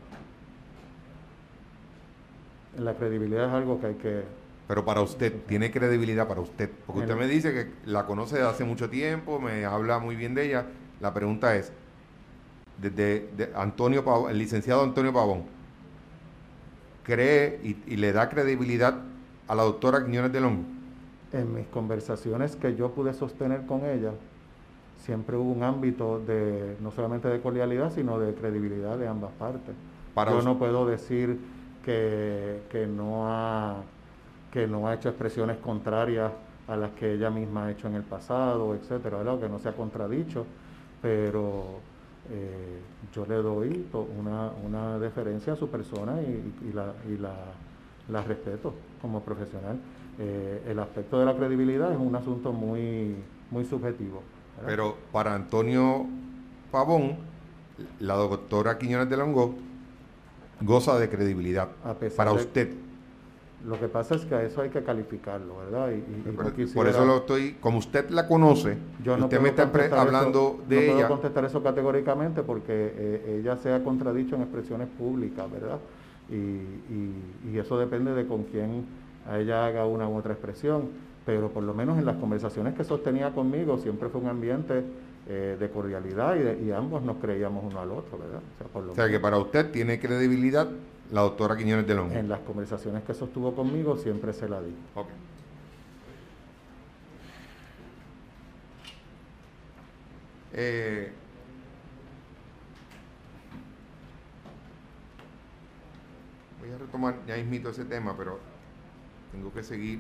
La credibilidad es algo que hay que... Pero para usted, ¿tiene credibilidad para usted? Porque usted El- me dice que la conoce desde hace mucho tiempo, me habla muy bien de ella. La pregunta es, desde de Antonio Pavón, el licenciado Antonio Pavón, ¿cree y, y le da credibilidad a la doctora Quiñones del Hongo? En mis conversaciones que yo pude sostener con ella, siempre hubo un ámbito de no solamente de cordialidad, sino de credibilidad de ambas partes. Para Yo us- no puedo decir que, que no ha, que no ha hecho expresiones contrarias a las que ella misma ha hecho en el pasado, etcétera, ¿verdad? Que no se ha contradicho, pero eh, yo le doy una, una deferencia a su persona y, y la, y la, la respeto como profesional. Eh, el aspecto de la credibilidad es un asunto muy, muy subjetivo, ¿verdad? pero para Antonio Pavón, la doctora Quiñones de Longo goza de credibilidad. A pesar Para de, usted. lo que pasa es que a eso hay que calificarlo, ¿verdad? Y, y- y no Por eso quisiera, lo estoy, como usted la conoce, yo y no usted me puedo está pre- contestar eso, hablando no de puedo ella, contestar eso categóricamente porque eh, ella se ha contradicho en expresiones públicas, ¿verdad? Y, y- y eso depende de con quién a ella haga una u otra expresión, pero por lo menos en las conversaciones que sostenía conmigo siempre fue un ambiente eh, de cordialidad y, de- y ambos nos creíamos uno al otro, ¿verdad? O sea, por lo o sea que menos para usted tiene credibilidad la doctora Quiñones de Longo. en las conversaciones que sostuvo conmigo siempre se la di. Ok. Eh, voy a retomar ya mismito ese tema, pero tengo que seguir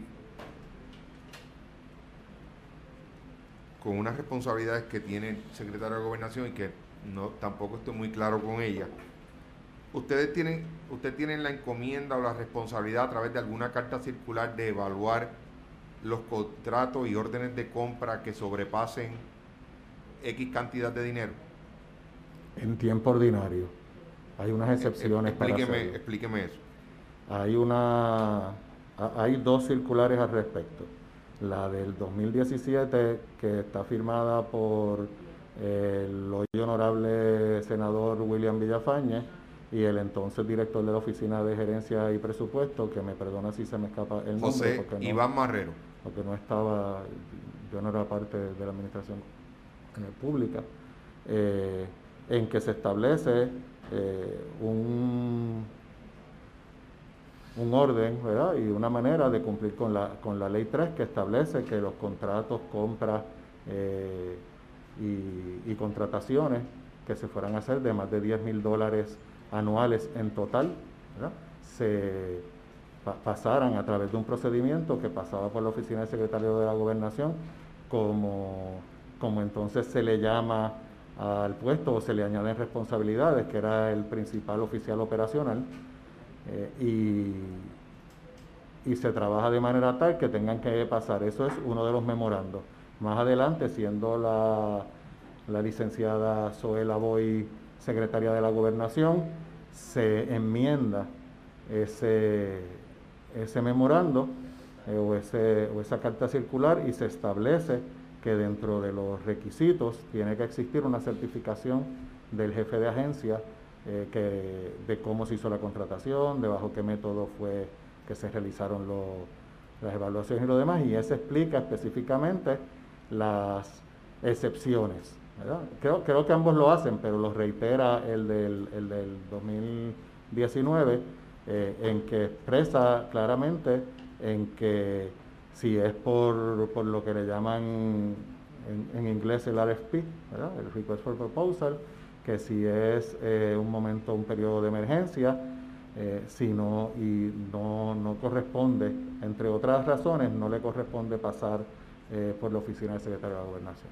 con unas responsabilidades que tiene el secretario de Gobernación y que no tampoco estoy muy claro con ella. Ustedes tienen, usted tienen la encomienda o la responsabilidad a través de alguna carta circular de evaluar los contratos y órdenes de compra que sobrepasen X cantidad de dinero. En tiempo ordinario. Hay unas Eh, eh, excepciones para explíqueme, hacerlo. explíqueme eso. Hay una, hay dos circulares al respecto. La del dos mil diecisiete, que está firmada por el hoy honorable senador William Villafañe y el entonces director de la Oficina de Gerencia y Presupuesto, que me perdona si se me escapa el nombre, José porque no, Iván Marrero. porque no estaba, yo no era parte de la administración pública, eh, en que se establece eh, un un orden, ¿verdad? Y una manera de cumplir con la, con la ley tres, que establece que los contratos, compras eh, y, y contrataciones que se fueran a hacer de más de diez mil dólares anuales en total, ¿verdad? Se pa pasaran a través de un procedimiento que pasaba por la oficina del secretario de la Gobernación, como, como entonces se le llama al puesto o se le añaden responsabilidades, que era el principal oficial operacional, eh, y, y se trabaja de manera tal que tengan que pasar. Eso es uno de los memorandos. Más adelante, siendo la, la licenciada Zoela Boy secretaria de la Gobernación, se enmienda ese, ese memorando eh, o, ese, o esa carta circular y se establece que dentro de los requisitos tiene que existir una certificación del jefe de agencia eh, que, de cómo se hizo la contratación, de bajo qué método fue que se realizaron lo, las evaluaciones y lo demás, y eso explica específicamente las excepciones, ¿verdad? Creo, creo que ambos lo hacen, pero lo reitera el del, el del dos mil diecinueve, eh, en que expresa claramente en que si es por, por lo que le llaman en, en inglés el R F P, ¿verdad? El Request for Proposal, que si es eh, un momento, un periodo de emergencia, eh, si no, y no, no corresponde, entre otras razones, no le corresponde pasar eh, por la oficina del secretario de la Gobernación.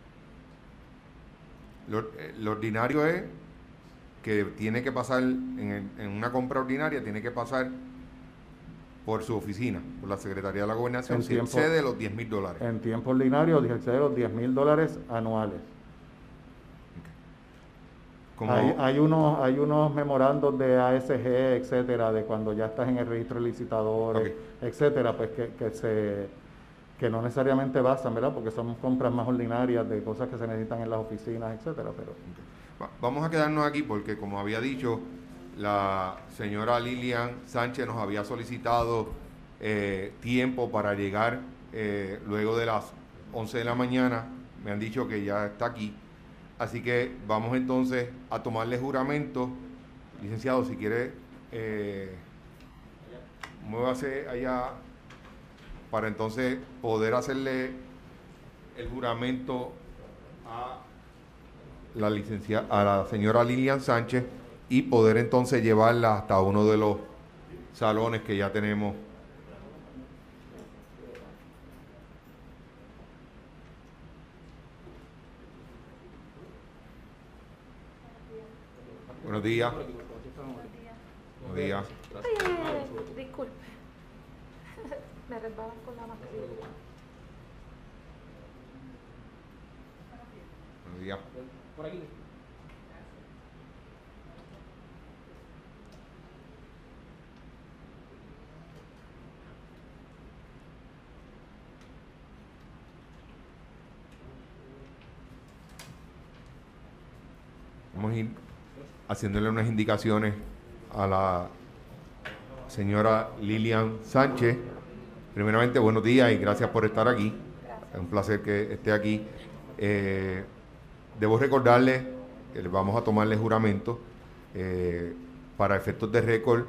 Lo, eh, lo ordinario es que tiene que pasar, en, en una compra ordinaria, tiene que pasar por su oficina, por la Secretaría de la Gobernación, En si tiempo, excede los diez mil dólares. en tiempo ordinario, excede los diez mil dólares anuales. Como, Hay, hay, unos, hay unos memorandos de A S G, etcétera, de cuando ya estás en el registro de licitadores, okay. etcétera, pues que, que, se, que no necesariamente basan, ¿verdad? Porque son compras más ordinarias de cosas que se necesitan en las oficinas, etcétera. Pero okay. Vamos a quedarnos aquí porque, como había dicho, la señora Lilian Sánchez nos había solicitado eh, tiempo para llegar eh, luego de las once de la mañana. Me han dicho que ya está aquí. Así que vamos entonces a tomarle juramento. Licenciado, si quiere, eh, muévase allá para entonces poder hacerle el juramento a la licenciada, a la señora Lilian Sánchez y poder entonces llevarla hasta uno de los salones que ya tenemos. Buenos días. Buenos días. Buenos días. Ay, disculpe. Me resbalan con la mascarilla. Buenos días. Por aquí. Vamos a ir haciéndole unas indicaciones a la señora Lilian Sánchez. Primeramente, buenos días y gracias por estar aquí. Gracias. Es un placer que esté aquí. Eh, debo recordarle que les vamos a tomarle juramento. Eh, para efectos de récord,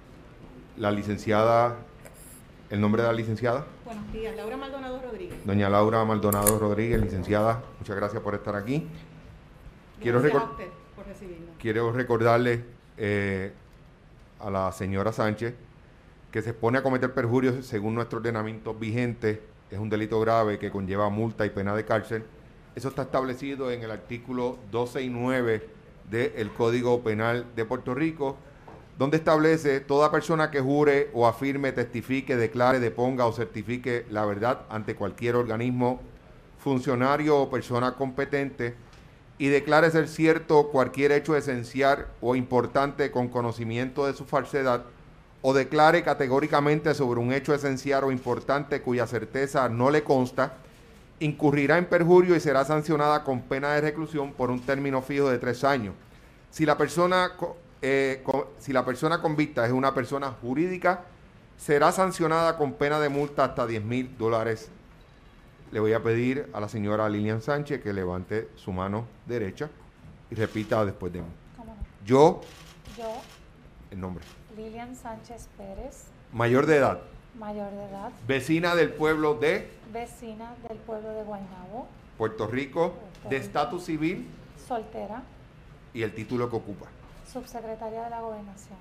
la licenciada, ¿el nombre de la licenciada? Buenos días, Laura Maldonado Rodríguez. Doña Laura Maldonado Rodríguez, licenciada, muchas gracias por estar aquí. Quiero, Gracias recor- a usted por recibirnos. quiero recordarle eh, a la señora Sánchez que se expone a cometer perjurios según nuestro ordenamiento vigente. Es un delito grave que conlleva multa y pena de cárcel. Eso está establecido en el artículo doce y nueve del Código Penal de Puerto Rico, donde establece: toda persona que jure o afirme, testifique, declare, deponga o certifique la verdad ante cualquier organismo, funcionario o persona competente y declare ser cierto cualquier hecho esencial o importante con conocimiento de su falsedad, o declare categóricamente sobre un hecho esencial o importante cuya certeza no le consta, incurrirá en perjurio y será sancionada con pena de reclusión por un término fijo de tres años. Si la persona, eh, co- si la persona convicta es una persona jurídica, será sancionada con pena de multa hasta diez mil dólares. Le voy a pedir a la señora Lilian Sánchez que levante su mano derecha y repita después de mí. ¿Cómo no? Yo, Yo, el nombre, Lilian Sánchez Pérez, mayor de edad, mayor de edad, vecina del pueblo de vecina del pueblo de Guaynabo, Puerto Rico, de estatus civil soltera, y el título que ocupa. subsecretaria de la Gobernación.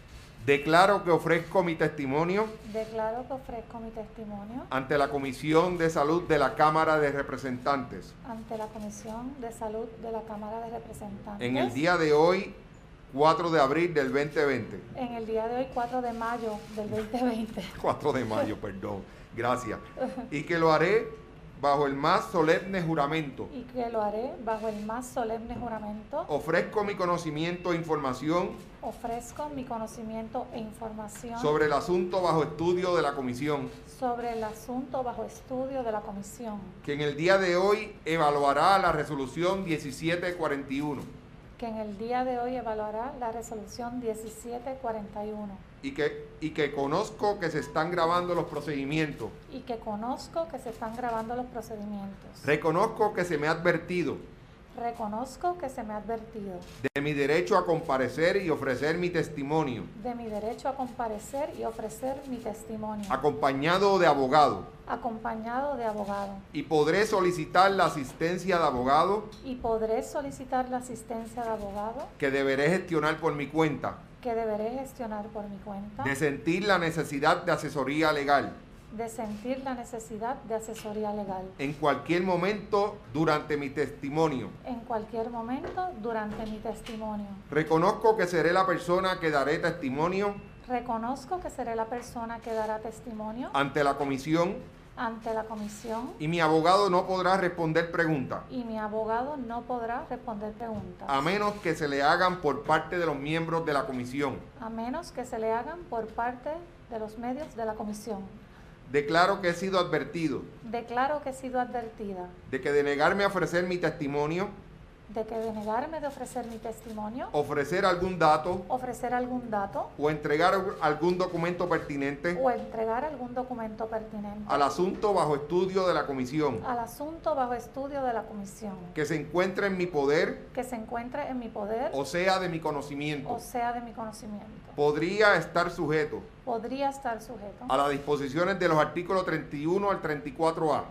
Declaro que ofrezco mi testimonio Declaro que ofrezco mi testimonio ante la Comisión de Salud de la Cámara de Representantes ante la Comisión de Salud de la Cámara de Representantes en el día de hoy, cuatro de abril del veinte veinte. en el día de hoy, cuatro de mayo del veinte veinte. cuatro de mayo, perdón. Gracias. Y que lo haré bajo el más solemne juramento. Y que lo haré bajo el más solemne juramento. Ofrezco mi conocimiento e información Ofrezco mi conocimiento e información sobre el asunto bajo estudio de la Comisión, sobre el asunto bajo estudio de la Comisión, que en el día de hoy evaluará la resolución diecisiete cuarenta y uno que en el día de hoy evaluará la resolución diecisiete cuarenta y uno y que, y que conozco que se están grabando los procedimientos. y que conozco que se están grabando los procedimientos. Reconozco que se me ha advertido Reconozco que se me ha advertido de mi derecho a comparecer y ofrecer mi testimonio, de mi derecho a comparecer y ofrecer mi testimonio, acompañado de abogado, acompañado de abogado, y podré solicitar la asistencia de abogado y podré solicitar la asistencia de abogado que deberé gestionar por mi cuenta, que deberé gestionar por mi cuenta, de sentir la necesidad de asesoría legal de sentir la necesidad de asesoría legal en cualquier momento durante mi testimonio. en cualquier momento durante mi testimonio. Reconozco que seré la persona que daré testimonio Reconozco que seré la persona que dará testimonio ante la comisión ante la comisión y mi abogado no podrá responder preguntas y mi abogado no podrá responder preguntas a menos que se le hagan por parte de los miembros de la comisión. a menos que se le hagan por parte de los medios de la comisión. Declaro que he sido advertido Declaro que he sido advertida de que de negarme a ofrecer mi testimonio, de que de negarme de ofrecer mi testimonio, ofrecer algún dato ofrecer algún dato o entregar algún documento pertinente o entregar algún documento pertinente al asunto bajo estudio de la comisión al asunto bajo estudio de la comisión que se encuentre en mi poder que se encuentre en mi poder o sea de mi conocimiento, o sea de mi conocimiento, podría estar sujeto podría estar sujeto a las disposiciones de los artículos treinta y uno al treinta y cuatro A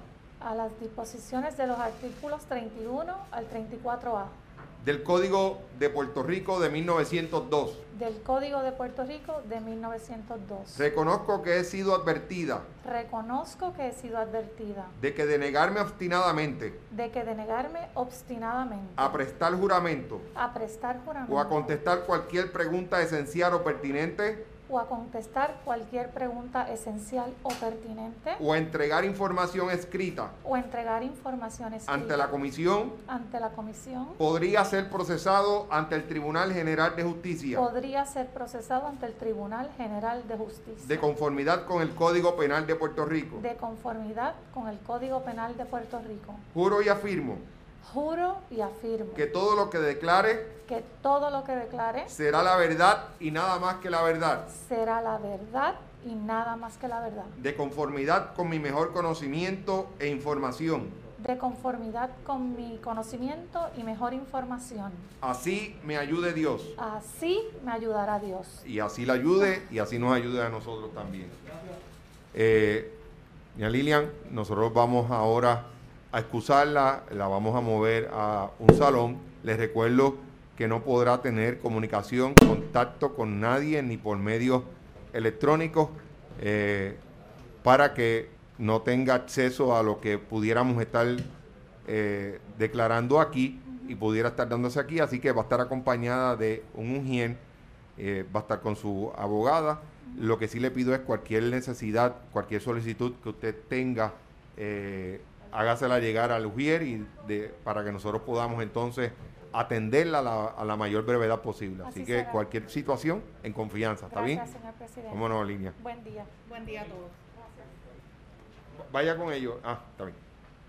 a las disposiciones de los artículos treinta y uno al treinta y cuatro A del Código de Puerto Rico de mil novecientos dos. del Código de Puerto Rico de mil novecientos dos. Reconozco que he sido advertida Reconozco que he sido advertida de que de negarme obstinadamente de que de negarme obstinadamente a prestar juramento a prestar juramento o a contestar cualquier pregunta esencial o pertinente o a contestar cualquier pregunta esencial o pertinente o a entregar información escrita o entregar información escrita ante la Comisión, ante la Comisión, podría ser procesado ante el Tribunal General de Justicia podría ser procesado ante el Tribunal General de Justicia de conformidad con el Código Penal de Puerto Rico. de conformidad con el Código Penal de Puerto Rico. Juro y afirmo Juro y afirmo que todo lo que declare que todo lo que declare será la verdad y nada más que la verdad, será la verdad y nada más que la verdad, de conformidad con mi mejor conocimiento e información. de conformidad con mi conocimiento y mejor información. Así me ayude Dios. Así me ayudará Dios. Y así la ayude y así nos ayude a nosotros también. Eh, doña Lilian, nosotros vamos ahora a excusarla, la vamos a mover a un salón. Les recuerdo que no podrá tener comunicación, contacto con nadie, ni por medios electrónicos, eh, para que no tenga acceso a lo que pudiéramos estar eh, declarando aquí y pudiera estar dándose aquí. Así que va a estar acompañada de un ujier, eh, va a estar con su abogada. Lo que sí le pido es cualquier necesidad, cualquier solicitud que usted tenga, eh, hágasela llegar al ujier y de, para que nosotros podamos entonces atenderla a la, a la mayor brevedad posible. Así, Así que será. Cualquier situación en confianza, ¿está Gracias, bien? señor presidente. Vámonos, línea. Buen día. Buen día a todos. Gracias. Vaya con ellos. Ah, está bien.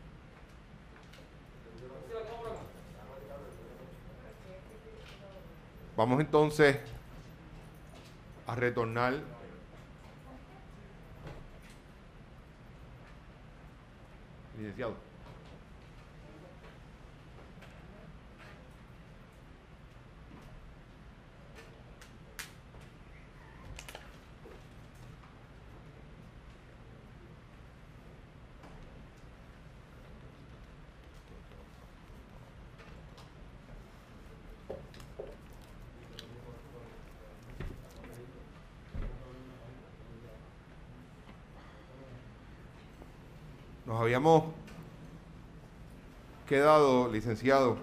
Vamos entonces a retornar licenciado. Nos habíamos quedado, licenciado,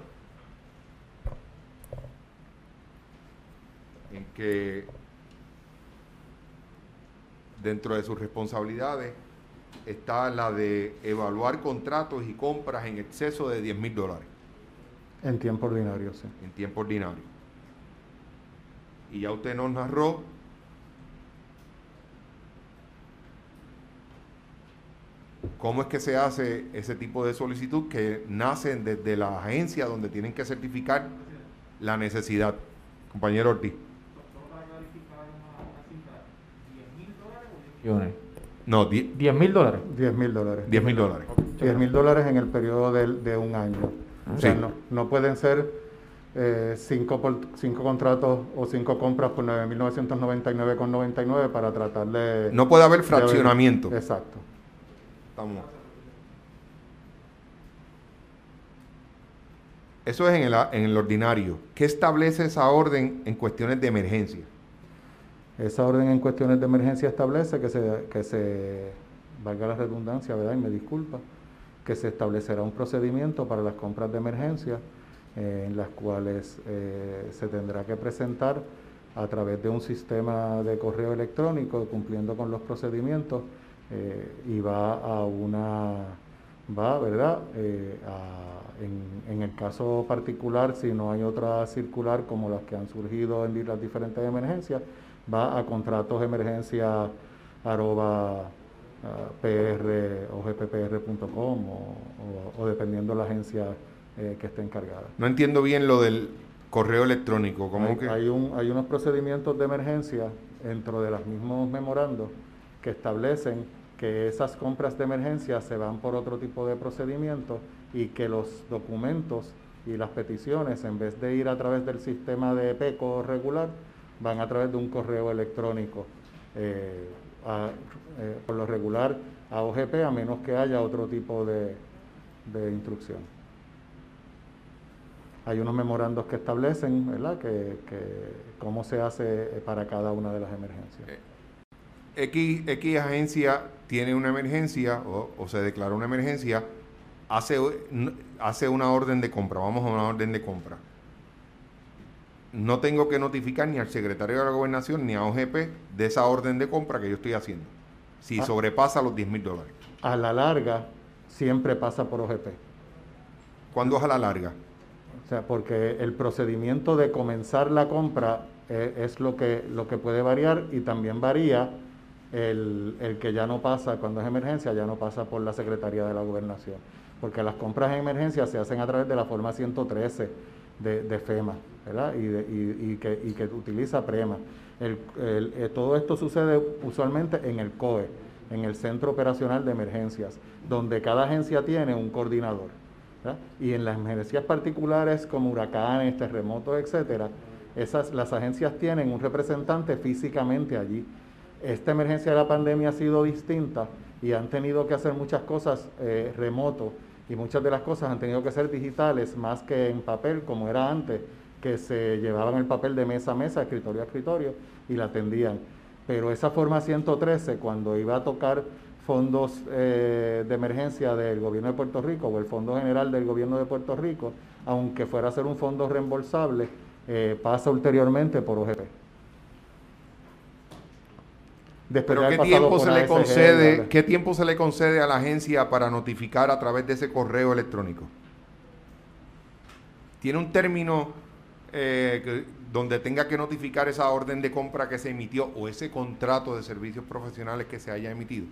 en que dentro de sus responsabilidades está la de evaluar contratos y compras en exceso de diez mil dólares. En tiempo ordinario, sí. En tiempo ordinario. Y ya usted nos narró cómo es que se hace ese tipo de solicitud que nacen desde la agencia donde tienen que certificar la necesidad. Compañero Ortiz. No, diez mil dólares. diez mil dólares. diez mil dólares. diez mil dólares en el periodo de, de un año. O sea, sí. no, no pueden ser eh, cinco, por, cinco contratos o cinco compras por nueve mil novecientos noventa y nueve con noventa y nueve para tratar de... No puede haber fraccionamiento. De, exacto. Estamos. Eso es en el, en el ordinario. ¿Qué establece esa orden en cuestiones de emergencia? Esa orden en cuestiones de emergencia establece que se, que se, valga la redundancia, ¿verdad? Y me disculpa, que se establecerá un procedimiento para las compras de emergencia eh, en las cuales eh, se tendrá que presentar a través de un sistema de correo electrónico cumpliendo con los procedimientos eh, y va a una, va, ¿verdad? Eh, a, en, en el caso particular, si no hay otra circular como las que han surgido en las diferentes emergencias, va a contratos de emergencia arroba uh, pr o gppr punto com o, o, o dependiendo de la agencia eh, que esté encargada. No entiendo bien lo del correo electrónico. ¿Cómo hay, que? Hay, un, hay unos procedimientos de emergencia dentro de los mismos memorandos que establecen que esas compras de emergencia se van por otro tipo de procedimiento y que los documentos y las peticiones, en vez de ir a través del sistema de PECO regular, van a través de un correo electrónico. Eh, a, eh, por lo regular, a O G P a menos que haya otro tipo de, de instrucción. Hay unos memorandos que establecen, ¿verdad?, que, que cómo se hace para cada una de las emergencias. X, X agencia tiene una emergencia o, o se declara una emergencia, hace, hace una orden de compra, vamos a una orden de compra. No tengo que notificar ni al secretario de la Gobernación ni a O G P de esa orden de compra que yo estoy haciendo, si ah, sobrepasa los diez mil dólares. A la larga, siempre pasa por O G P. ¿Cuándo es a la larga? O sea, porque el procedimiento de comenzar la compra eh, es lo que, lo que puede variar, y también varía el, el que ya no pasa, cuando es emergencia, ya no pasa por la Secretaría de la Gobernación. Porque las compras en emergencia se hacen a través de la forma ciento trece de, de FEMA, ¿verdad? Y, de, y, y, que, y que utiliza PREMA. El, el, eh, todo esto sucede usualmente en el C O E, en el Centro Operacional de Emergencias, donde cada agencia tiene un coordinador, ¿verdad? Y en las emergencias particulares como huracanes, terremotos, etcétera, esas, las agencias tienen un representante físicamente allí. Esta emergencia de la pandemia ha sido distinta y han tenido que hacer muchas cosas eh, remoto, y muchas de las cosas han tenido que ser digitales más que en papel, como era antes, que se llevaban el papel de mesa a mesa, escritorio a escritorio, y la atendían. Pero esa forma ciento trece, cuando iba a tocar fondos eh, de emergencia del gobierno de Puerto Rico o el Fondo General del gobierno de Puerto Rico, aunque fuera a ser un fondo reembolsable, eh, pasa ulteriormente por O G P. Después ¿Pero de qué tiempo se le concede, ¿verdad? ¿Qué tiempo se le concede a la agencia para notificar a través de ese correo electrónico? ¿Tiene un término eh, que, donde tenga que notificar esa orden de compra que se emitió o ese contrato de servicios profesionales que se haya emitido?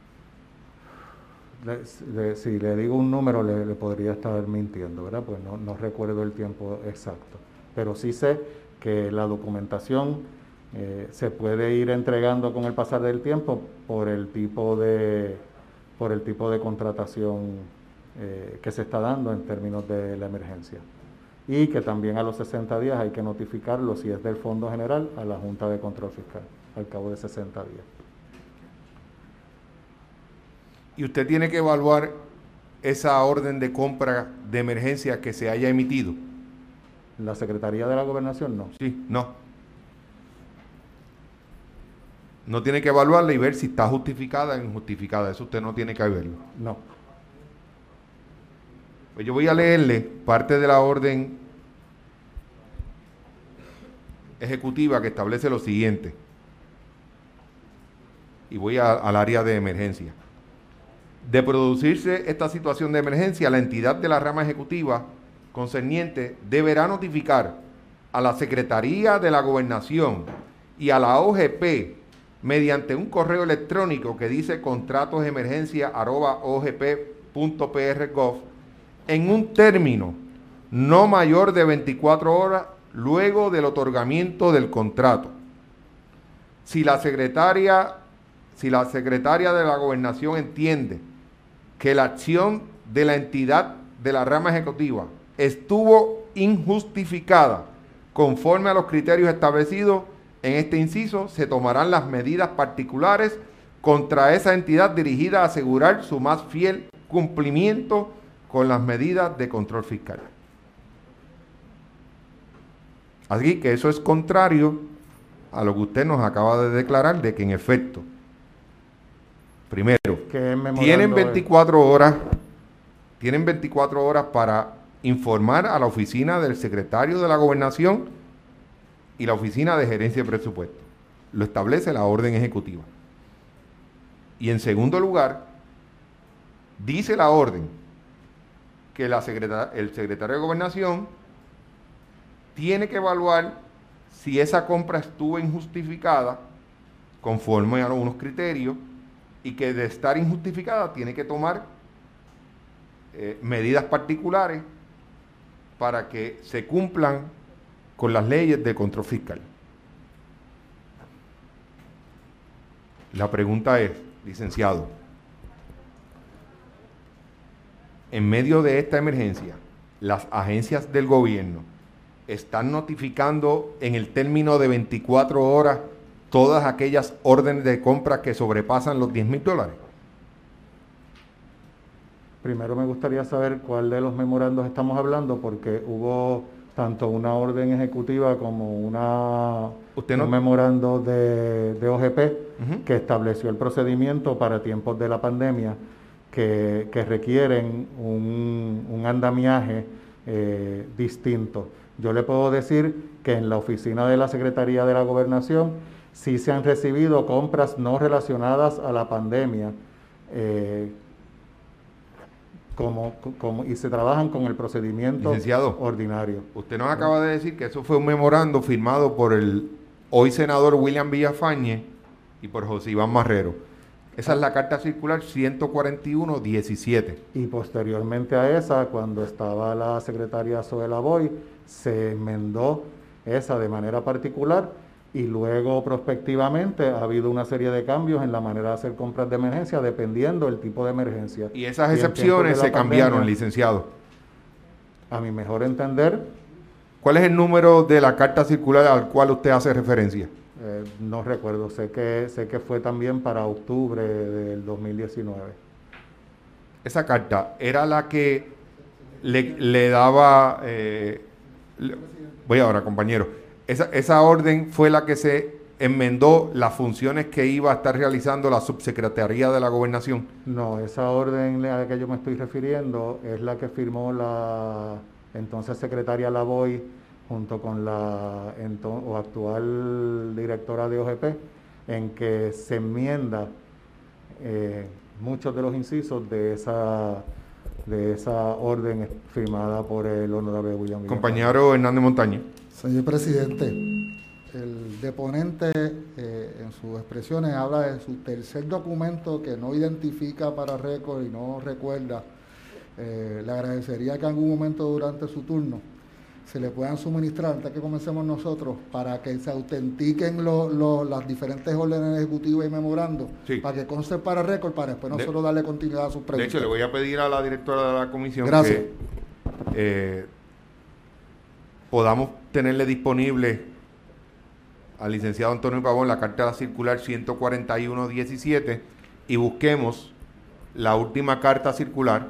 Le, le, si le digo un número, le, le podría estar mintiendo, ¿verdad? Pues no, no recuerdo el tiempo exacto. Pero sí sé que la documentación Eh, se puede ir entregando con el pasar del tiempo por el tipo de por el tipo de contratación eh, que se está dando en términos de la emergencia, y que también a los sesenta días hay que notificarlo, si es del Fondo General, a la Junta de Control Fiscal al cabo de sesenta días. Y usted tiene que evaluar esa orden de compra de emergencia que se haya emitido. La Secretaría de la Gobernación no. Sí, no. No tiene que evaluarla y ver si está justificada o injustificada. Eso usted no tiene que verlo. No. Pues yo voy a leerle parte de la orden ejecutiva que establece lo siguiente. Y voy a, al área de emergencia. De producirse esta situación de emergencia, la entidad de la rama ejecutiva concerniente deberá notificar a la Secretaría de la Gobernación y a la O G P mediante un correo electrónico que dice contratos de emergencia arroba o g p punto p r punto gov en un término no mayor de veinticuatro horas luego del otorgamiento del contrato. Si la secretaria, si la secretaria de la Gobernación entiende que la acción de la entidad de la rama ejecutiva estuvo injustificada conforme a los criterios establecidos en este inciso, se tomarán las medidas particulares contra esa entidad dirigida a asegurar su más fiel cumplimiento con las medidas de control fiscal. Así que eso es contrario a lo que usted nos acaba de declarar, de que en efecto, primero, tienen veinticuatro horas, tienen veinticuatro horas para informar a la oficina del secretario de la Gobernación y la Oficina de Gerencia de Presupuesto. Lo establece la orden ejecutiva. Y en segundo lugar, dice la orden que la secretar- el secretario de Gobernación tiene que evaluar si esa compra estuvo injustificada conforme a unos criterios, y que de estar injustificada tiene que tomar eh, medidas particulares para que se cumplan con las leyes de control fiscal. La pregunta es, licenciado, en medio de esta emergencia, las agencias del gobierno están notificando en el término de veinticuatro horas todas aquellas órdenes de compra que sobrepasan los diez mil dólares. Primero me gustaría saber cuál de los memorandos estamos hablando, porque hubo tanto una orden ejecutiva como una, ¿Usted un no? memorando de, de O G P Ujú. que estableció el procedimiento para tiempos de la pandemia que, que requieren un, un andamiaje eh, distinto. Yo le puedo decir que en la oficina de la Secretaría de la Gobernación sí se han recibido compras no relacionadas a la pandemia, eh, como, como, y se trabajan con el procedimiento Licenciado, ordinario. usted nos ¿verdad? acaba de decir que eso fue un memorando firmado por el hoy senador William Villafañe y por José Iván Marrero. Esa Ah, es la carta circular ciento cuarenta y uno diecisiete. y posteriormente a esa, cuando estaba la secretaria Zoela Boy, se enmendó esa de manera particular y luego prospectivamente ha habido una serie de cambios en la manera de hacer compras de emergencia dependiendo del tipo de emergencia. Y esas Y en tiempos de excepciones la se cambiaron, pandemia, licenciado. a mi mejor entender, ¿Cuál es el número de la carta circular al cual usted hace referencia? eh, no recuerdo, sé que, sé que fue también para octubre del dos mil diecinueve. Esa carta era la que le, le daba... eh, le- voy ahora, compañero. Esa, esa orden fue la que se enmendó las funciones que iba a estar realizando la subsecretaría de la Gobernación. No, esa orden a la que yo me estoy refiriendo es la que firmó la entonces secretaria Lavoy junto con la ento- o actual directora de O G P, en que se enmienda eh, muchos de los incisos de esa, de esa orden firmada por el honorable William Villafañe. Compañero Hernández Montañez. Señor presidente, el deponente eh, en sus expresiones habla de su tercer documento que no identifica para récord y no recuerda. Eh, le agradecería que en algún momento durante su turno se le puedan suministrar, antes que comencemos nosotros, para que se autentiquen lo, lo, las diferentes órdenes ejecutivas y memorando, Sí. para que conste para récord, para después De- nosotros darle continuidad a sus De preguntas. hecho, le voy a pedir a la directora de la comisión Gracias. que eh, podamos tenerle disponible al licenciado Antonio Pavón la carta circular ciento cuarenta y uno diecisiete y busquemos la última carta circular.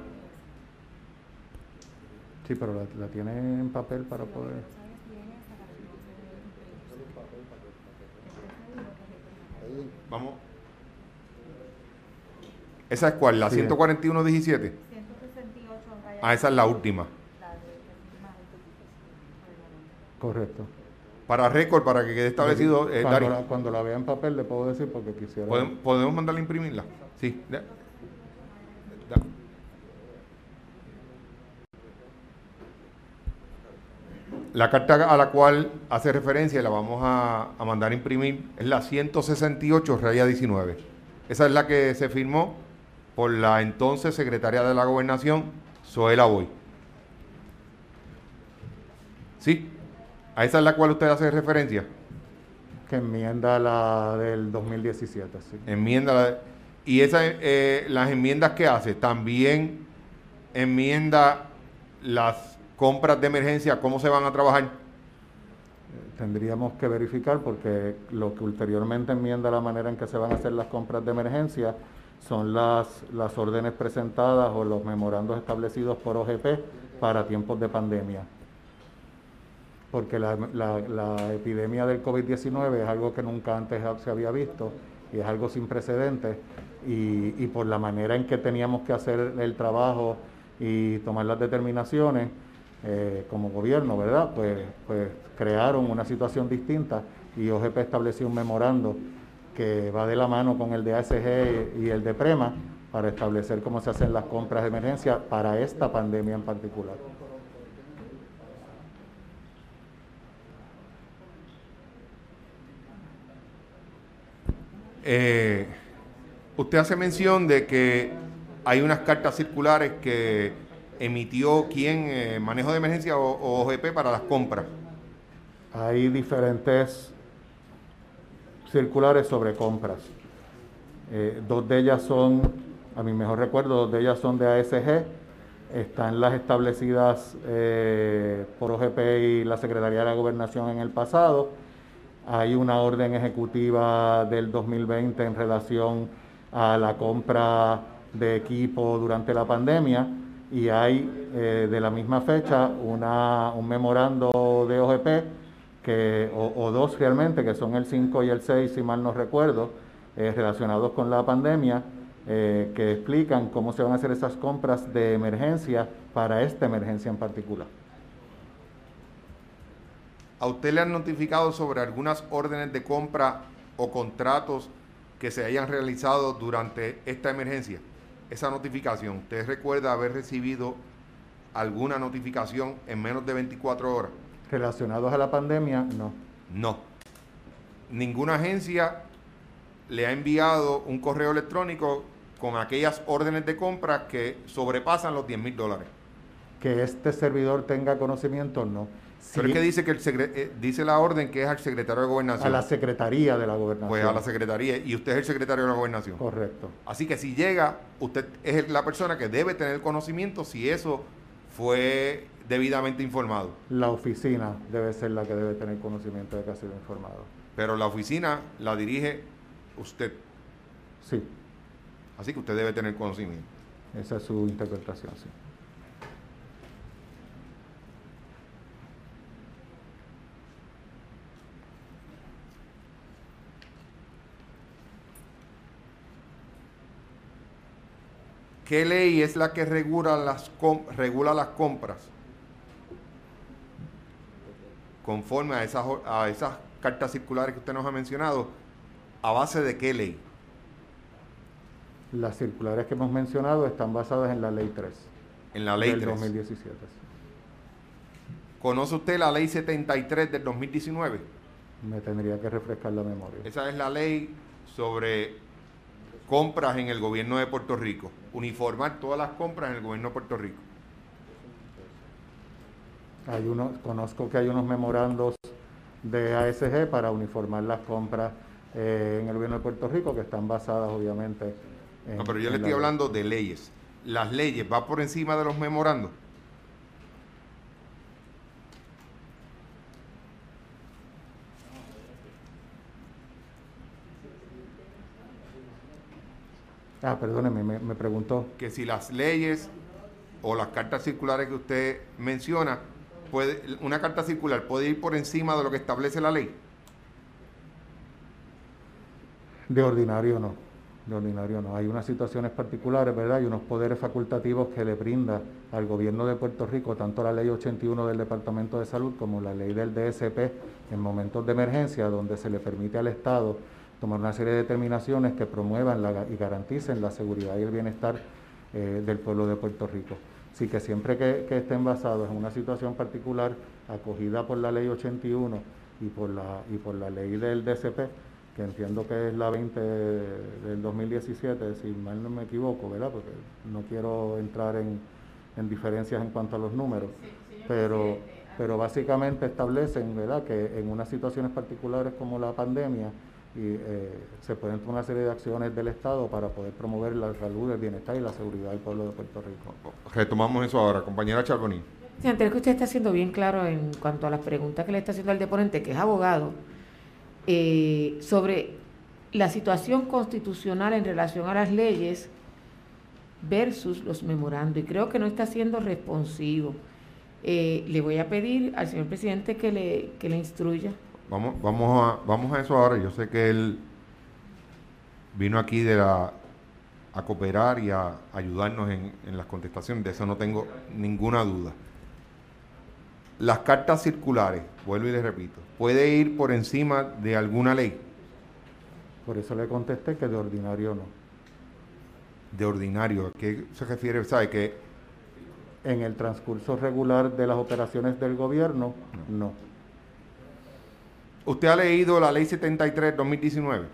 Sí, pero la, la tiene en papel para poder... Vamos. ¿Esa es cuál? ¿La Sí. ciento cuarenta y uno diecisiete? ciento sesenta y ocho raya. Ah, esa es la última. La de que firma el reglamento. Correcto. Para récord, para que quede establecido. Eh, cuando, Dari, la, cuando la vea en papel le puedo decir porque quisiera... ¿podemos, ¿podemos mandarla a imprimirla? Sí. Da- da- La carta a la cual hace referencia y la vamos a, a mandar a imprimir es la ciento sesenta y ocho raya diecinueve. Esa es la que se firmó por la entonces secretaria de la Gobernación, Zoela Boy. ¿Sí? ¿A esa es la cual usted hace referencia? Que enmienda la del dos mil diecisiete, sí. Enmienda. La, y esa, eh, las enmiendas que hace, también enmienda las compras de emergencia, ¿cómo se van a trabajar? Tendríamos que verificar porque lo que ulteriormente enmienda la manera en que se van a hacer las compras de emergencia son las, las órdenes presentadas o los memorandos establecidos por O G P para tiempos de pandemia. Porque la, la, la epidemia del COVID diecinueve es algo que nunca antes se había visto y es algo sin precedentes y, y por la manera en que teníamos que hacer el trabajo y tomar las determinaciones eh, como gobierno, ¿verdad? Pues, pues crearon una situación distinta y O G P estableció un memorando que va de la mano con el de A S G y el de PREMA para establecer cómo se hacen las compras de emergencia para esta pandemia en particular. Eh, usted hace mención de que hay unas cartas circulares que emitió quién, eh, manejo de emergencia o, o O G P para las compras. Hay diferentes circulares sobre compras. Eh, dos de ellas son, a mi mejor recuerdo, dos de ellas son de A S G. Están las establecidas eh, por O G P y la Secretaría de la Gobernación en el pasado. Hay una orden ejecutiva del dos mil veinte en relación a la compra de equipo durante la pandemia y hay eh, de la misma fecha una, un memorando de O G P, que, o, o dos realmente, que son el cinco y el seis, si mal no recuerdo, eh, relacionados con la pandemia, eh, que explican cómo se van a hacer esas compras de emergencia para esta emergencia en particular. ¿A usted le han notificado sobre algunas órdenes de compra o contratos que se hayan realizado durante esta emergencia? Esa notificación, ¿usted recuerda haber recibido alguna notificación en menos de veinticuatro horas? Relacionados a la pandemia, no. No. Ninguna agencia le ha enviado un correo electrónico con aquellas órdenes de compra que sobrepasan los diez mil dólares. Que este servidor tenga conocimiento, no. Si Pero es que dice que el secre- eh, dice la orden que es al secretario de Gobernación. a la Secretaría de la Gobernación. Pues a la Secretaría, y usted es el secretario de la Gobernación. Correcto. Así que si llega, usted es la persona que debe tener conocimiento si eso fue debidamente informado. La oficina debe ser la que debe tener conocimiento de que ha sido informado. Pero la oficina la dirige usted. Sí. Así que usted debe tener conocimiento. Esa es su interpretación, sí. ¿Qué ley es la que regula las, regula las compras conforme a esas, a esas cartas circulares que usted nos ha mencionado? ¿A base de qué ley? Las circulares que hemos mencionado están basadas en la Ley tres. En la Ley del tres. dos mil diecisiete. ¿Conoce usted la Ley setenta y tres del dos mil diecinueve? Me tendría que refrescar la memoria. Esa es la ley sobre compras en el gobierno de Puerto Rico. Uniformar todas las compras en el gobierno de Puerto Rico. Hay uno, conozco que hay unos memorandos de A S G para uniformar las compras eh, en el gobierno de Puerto Rico, que están basadas obviamente en... No, pero yo en le estoy la hablando de leyes. ¿Las leyes van por encima de los memorandos? Ah, perdóneme, me, me preguntó. Que si las leyes o las cartas circulares que usted menciona, puede, una carta circular puede ir por encima de lo que establece la ley. De ordinario no, de ordinario no. Hay unas situaciones particulares, ¿verdad? Hay unos poderes facultativos que le brinda al gobierno de Puerto Rico, tanto la ley ochenta y uno del Departamento de Salud como la ley del D S P en momentos de emergencia, donde se le permite al Estado tomar una serie de determinaciones que promuevan la, y garanticen la seguridad y el bienestar eh, del pueblo de Puerto Rico. Así que siempre que, que estén basados en una situación particular acogida por la ley ochenta y uno y por la, y por la ley del D S P, que entiendo que es la veinte del dos mil diecisiete, si mal no me equivoco, ¿verdad? Porque no quiero entrar en, en diferencias en cuanto a los números, pero, pero básicamente establecen, ¿verdad?, que en unas situaciones particulares como la pandemia, y eh, se pueden tomar una serie de acciones del Estado para poder promover la salud, el bienestar y la seguridad del pueblo de Puerto Rico. Retomamos eso ahora, compañera Charbonnier. Sí, antes que usted está siendo bien claro en cuanto a las preguntas que le está haciendo al deponente, que es abogado, eh, sobre la situación constitucional en relación a las leyes versus los memorandos, y creo que no está siendo responsivo. Eh, le voy a pedir al señor presidente que le, que le instruya. Vamos, vamos, a, vamos a eso ahora. Yo sé que él vino aquí de la, a cooperar y a ayudarnos en, en las contestaciones, de eso no tengo ninguna duda. Las cartas circulares, vuelvo y les repito, ¿puede ir por encima de alguna ley? Por eso le contesté que de ordinario no. De ordinario, ¿a qué se refiere? ¿Sabe que en el transcurso regular de las operaciones del gobierno, no. no. ¿Usted ha leído la ley setenta y tres de dos mil diecinueve?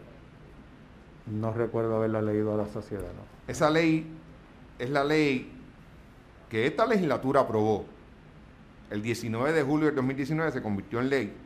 No recuerdo haberla leído a la sociedad, ¿no? Esa ley es la ley que esta legislatura aprobó. El diecinueve de julio del dos mil diecinueve se convirtió en ley.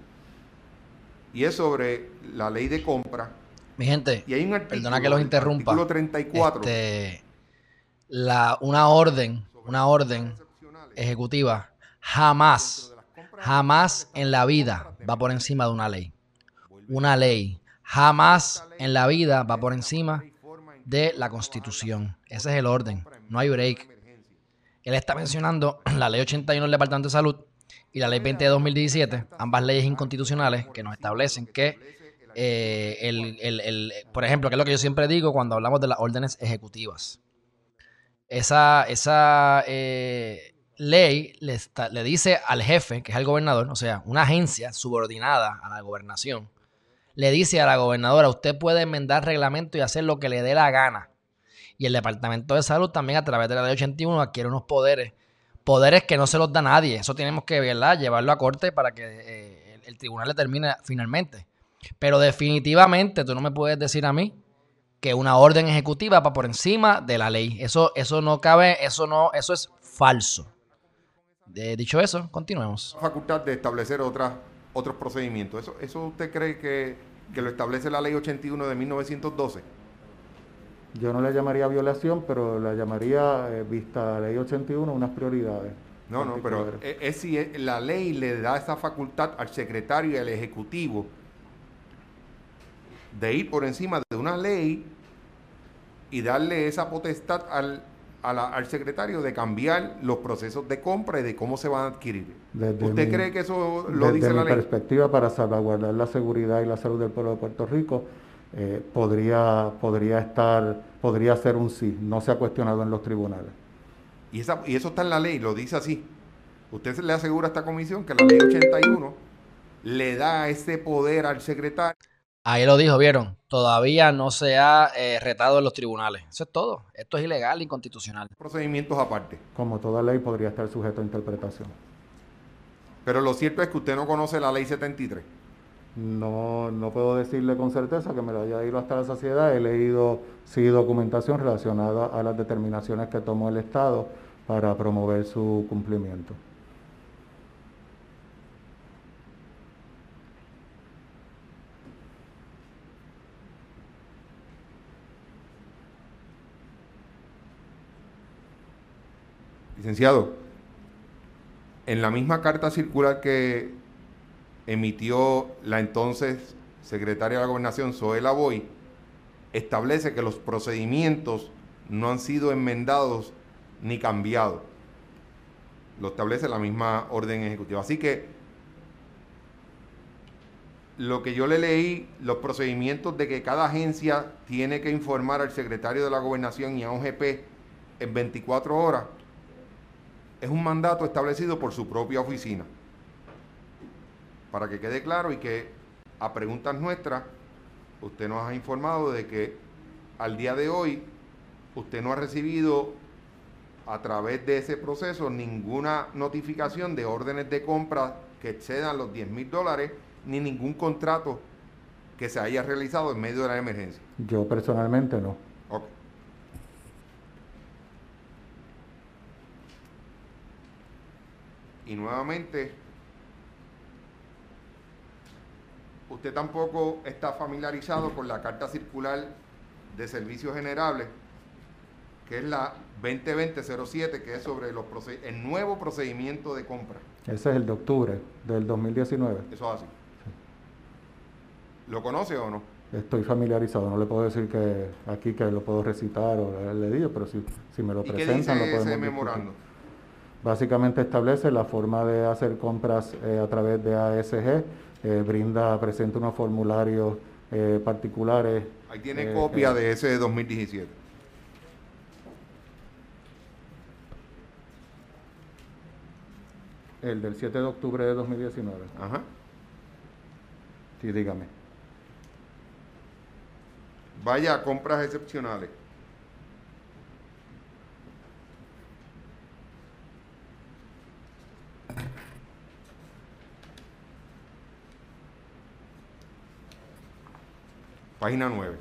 Y es sobre la ley de compra. Mi gente, y hay un artículo, perdona que los interrumpa. Artículo treinta y cuatro. Este, la, una orden, una orden ejecutiva jamás, jamás en la vida va por encima de una ley. Una ley jamás en la vida va por encima de la Constitución. Ese es el orden, no hay break. Él está mencionando la ley ochenta y uno del Departamento de Salud y la ley veinte de dos mil diecisiete, ambas leyes inconstitucionales que nos establecen que, eh, el, el, el, por ejemplo, que es lo que yo siempre digo cuando hablamos de las órdenes ejecutivas. Esa, esa eh, ley le, está, le dice al jefe, que es el gobernador, o sea, una agencia subordinada a la gobernación, le dice a la gobernadora, usted puede enmendar reglamento y hacer lo que le dé la gana. Y el Departamento de Salud también a través de la ley ochenta y uno adquiere unos poderes, poderes que no se los da nadie. Eso tenemos que, ¿verdad?, llevarlo a corte para que eh, el, el tribunal determine finalmente. Pero definitivamente tú no me puedes decir a mí que una orden ejecutiva va por encima de la ley. Eso, eso no cabe, eso no, eso es falso. De, dicho eso, continuemos. Facultad de establecer otras, otros procedimientos. ¿Eso, eso usted cree que, que lo establece la ley ochenta y uno de mil novecientos doce? Yo no le llamaría violación, pero la llamaría, eh, vista la ley ochenta y uno, unas prioridades. No, no, pero es, es si es, la ley le da esa facultad al secretario y al ejecutivo de ir por encima de una ley y darle esa potestad al, a la, al secretario de cambiar los procesos de compra y de cómo se van a adquirir. Desde ¿Usted mi, cree que eso lo dice la ley? Desde mi perspectiva, para salvaguardar la seguridad y la salud del pueblo de Puerto Rico, eh, podría, podría estar, podría ser un sí, no se ha cuestionado en los tribunales. Y, esa, y eso está en la ley, lo dice así. Usted le asegura a esta comisión que la ley ochenta y uno le da ese poder al secretario. Ahí lo dijo, ¿vieron? Todavía no se ha eh, retado en los tribunales. Eso es todo. Esto es ilegal e inconstitucional. Procedimientos aparte. Como toda ley podría estar sujeto a interpretación. Pero lo cierto es que usted no conoce la ley setenta y tres. No, no puedo decirle con certeza que me lo haya ido hasta la saciedad. He leído sí documentación relacionada a las determinaciones que tomó el Estado para promover su cumplimiento. Licenciado, en la misma carta circular que emitió la entonces secretaria de la Gobernación, Zoela Boy, establece que los procedimientos no han sido enmendados ni cambiados. Lo establece la misma orden ejecutiva. Así que lo que yo le leí, los procedimientos de que cada agencia tiene que informar al secretario de la Gobernación y a un G P en veinticuatro horas, es un mandato establecido por su propia oficina. Para que quede claro y que a preguntas nuestras, usted nos ha informado de que al día de hoy usted no ha recibido a través de ese proceso ninguna notificación de órdenes de compra que excedan los diez mil dólares, ni ningún contrato que se haya realizado en medio de la emergencia. Yo personalmente no. Ok. Y nuevamente, usted tampoco está familiarizado con la carta circular de servicios generables, que es la veinte veinte cero siete, que es sobre los el nuevo procedimiento de compra. Ese es el de octubre del dos mil diecinueve. Eso es así. ¿Lo conoce o no? Estoy familiarizado, no le puedo decir que aquí que lo puedo recitar o le digo, pero si, si me lo ¿Y presentan qué dice lo podemos ese memorando? Básicamente establece la forma de hacer compras eh, a través de A S G, eh, brinda, presenta unos formularios eh, particulares. Ahí tiene eh, copia eh, de ese de dos mil diecisiete. El del siete de octubre de dos mil diecinueve. Ajá. Sí, dígame. Vaya a compras excepcionales. Página nueve.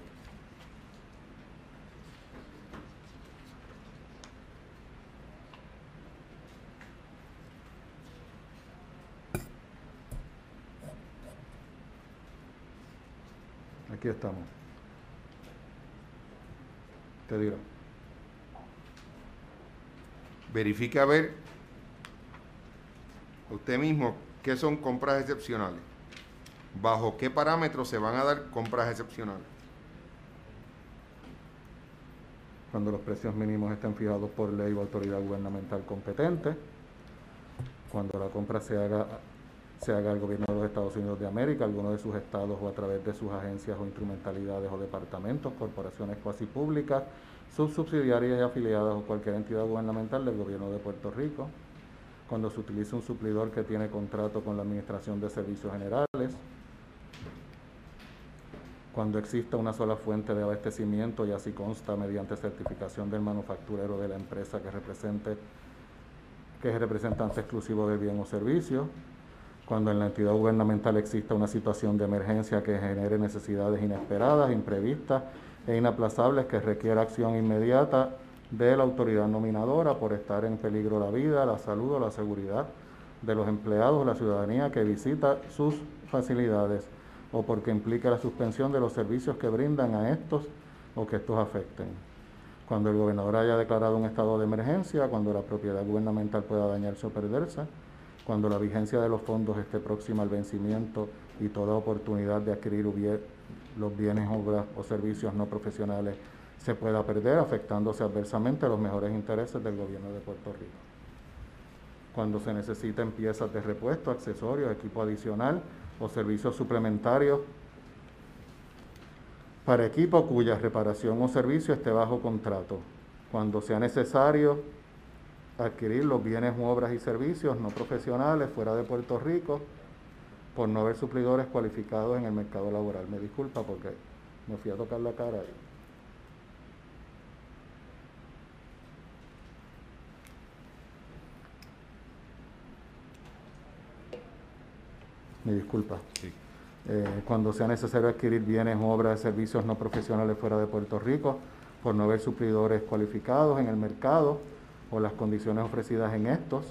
Aquí estamos. Te digo. Verifique a ver usted mismo qué son compras excepcionales. ¿Bajo qué parámetros se van a dar compras excepcionales? cuando los precios mínimos estén fijados por ley o autoridad gubernamental competente, cuando la compra se haga, se haga al gobierno de los Estados Unidos de América, alguno de sus estados o a través de sus agencias o instrumentalidades o departamentos, corporaciones cuasi públicas, subsubsidiarias y afiliadas o cualquier entidad gubernamental del gobierno de Puerto Rico, cuando se utilice un suplidor que tiene contrato con la Administración de Servicios Generales, cuando exista una sola fuente de abastecimiento y así consta mediante certificación del manufacturero de la empresa que represente que es representante exclusivo del bien o servicio, cuando en la entidad gubernamental exista una situación de emergencia que genere necesidades inesperadas, imprevistas e inaplazables que requiera acción inmediata de la autoridad nominadora por estar en peligro la vida, la salud o la seguridad de los empleados o la ciudadanía que visita sus facilidades, o porque implique la suspensión de los servicios que brindan a estos o que estos afecten. Cuando el gobernador haya declarado un estado de emergencia, cuando la propiedad gubernamental pueda dañarse o perderse, cuando la vigencia de los fondos esté próxima al vencimiento y toda oportunidad de adquirir los bienes, obras o servicios no profesionales se pueda perder, afectándose adversamente a los mejores intereses del gobierno de Puerto Rico. Cuando se necesiten piezas de repuesto, accesorios, equipo adicional o servicios suplementarios para equipo cuya reparación o servicio esté bajo contrato. Cuando sea necesario adquirir los bienes, obras y servicios no profesionales fuera de Puerto Rico por no haber suplidores cualificados en el mercado laboral. Me disculpa porque me fui a tocar la cara ahí. Me disculpa. Sí. Eh, cuando sea necesario adquirir bienes, obras, servicios no profesionales fuera de Puerto Rico por no haber suplidores cualificados en el mercado o las condiciones ofrecidas en estos,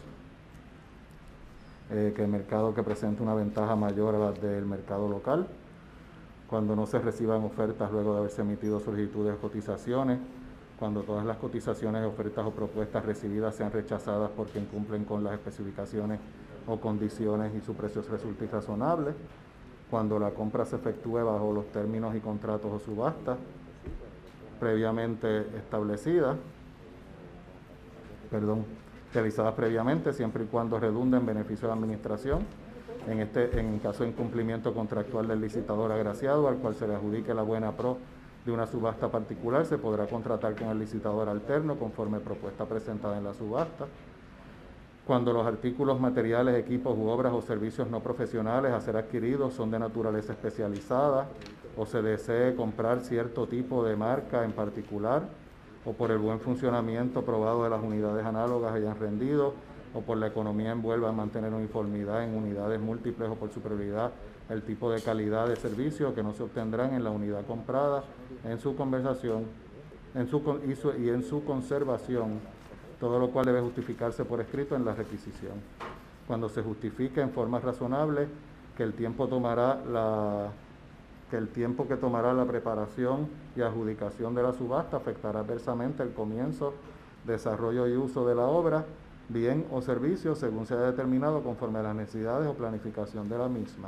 eh, que el mercado que presente una ventaja mayor a la del mercado local, cuando no se reciban ofertas luego de haberse emitido solicitudes de cotizaciones, cuando todas las cotizaciones, ofertas o propuestas recibidas sean rechazadas porque incumplen con las especificaciones o condiciones y su precio resulte irrazonable, cuando la compra se efectúe bajo los términos y contratos o subastas previamente establecidas, perdón, realizadas previamente, siempre y cuando redunde en beneficio de la administración, en este, en caso de incumplimiento contractual del licitador agraciado, al cual se le adjudique la buena pro de una subasta particular, se podrá contratar con el licitador alterno conforme propuesta presentada en la subasta. Cuando los artículos, materiales, equipos u obras o servicios no profesionales a ser adquiridos son de naturaleza especializada o se desee comprar cierto tipo de marca en particular, o por el buen funcionamiento probado de las unidades análogas hayan rendido, o por la economía envuelva en mantener uniformidad en unidades múltiples, o por superioridad el tipo de calidad de servicio que no se obtendrán en la unidad comprada, en su conversación en su, y, su, y en su conservación, todo lo cual debe justificarse por escrito en la requisición. Cuando se justifique en forma razonable que el tiempo tomará la que el tiempo que tomará la preparación y adjudicación de la subasta afectará adversamente el comienzo, desarrollo y uso de la obra, bien o servicio, según sea determinado conforme a las necesidades o planificación de la misma.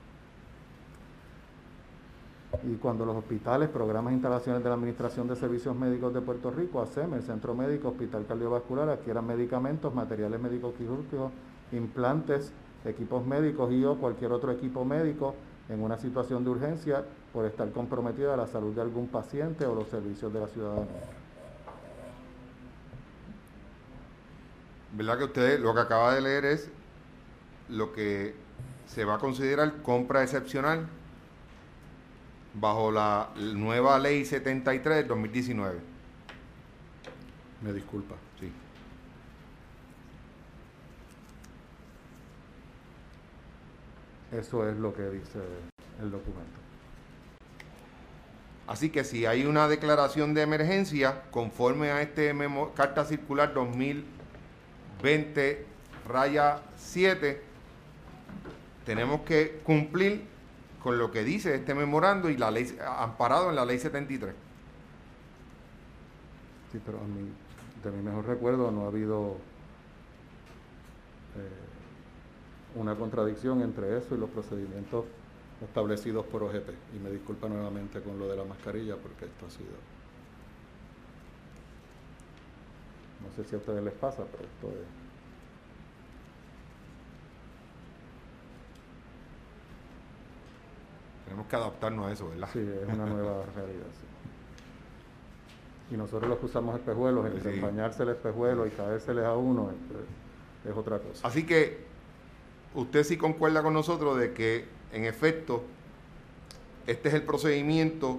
Y cuando los hospitales, programas e instalaciones de la Administración de Servicios Médicos de Puerto Rico, A S E M, el Centro Médico, Hospital Cardiovascular, adquieran medicamentos, materiales médicos quirúrgicos, implantes, equipos médicos y o cualquier otro equipo médico en una situación de urgencia por estar comprometida la salud de algún paciente o los servicios de la ciudadanía. ¿Verdad que usted lo que acaba de leer es lo que se va a considerar compra excepcional bajo la nueva ley setenta y tres del dos mil diecinueve? Me disculpa. Sí. Eso es lo que dice el documento. Así que si hay una declaración de emergencia conforme a este memo, carta circular dos mil veinte raya siete, tenemos que cumplir con lo que dice este memorando y la ley amparado en la ley setenta y tres. Sí, pero a mí, de mi mejor recuerdo, no ha habido eh, una contradicción entre eso y los procedimientos establecidos por O G P. Y me disculpa nuevamente con lo de la mascarilla porque esto ha sido... No sé si a ustedes les pasa, pero esto es... Tenemos que adaptarnos a eso, ¿verdad? Sí, es una nueva realidad, sí. Y nosotros los que usamos espejuelos, entre Sí. empañarse el espejuelo y caérseles a uno, es, es otra cosa. Así que usted sí concuerda con nosotros de que, en efecto, este es el procedimiento,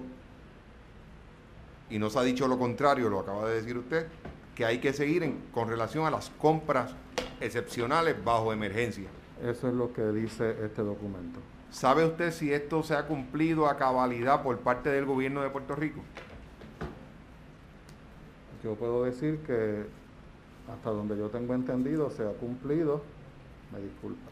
y no se ha dicho lo contrario, lo acaba de decir usted, que hay que seguir en, con relación a las compras excepcionales bajo emergencia. Eso es lo que dice este documento. ¿Sabe usted si esto se ha cumplido a cabalidad por parte del gobierno de Puerto Rico? Yo puedo decir que hasta donde yo tengo entendido se ha cumplido. Me disculpa.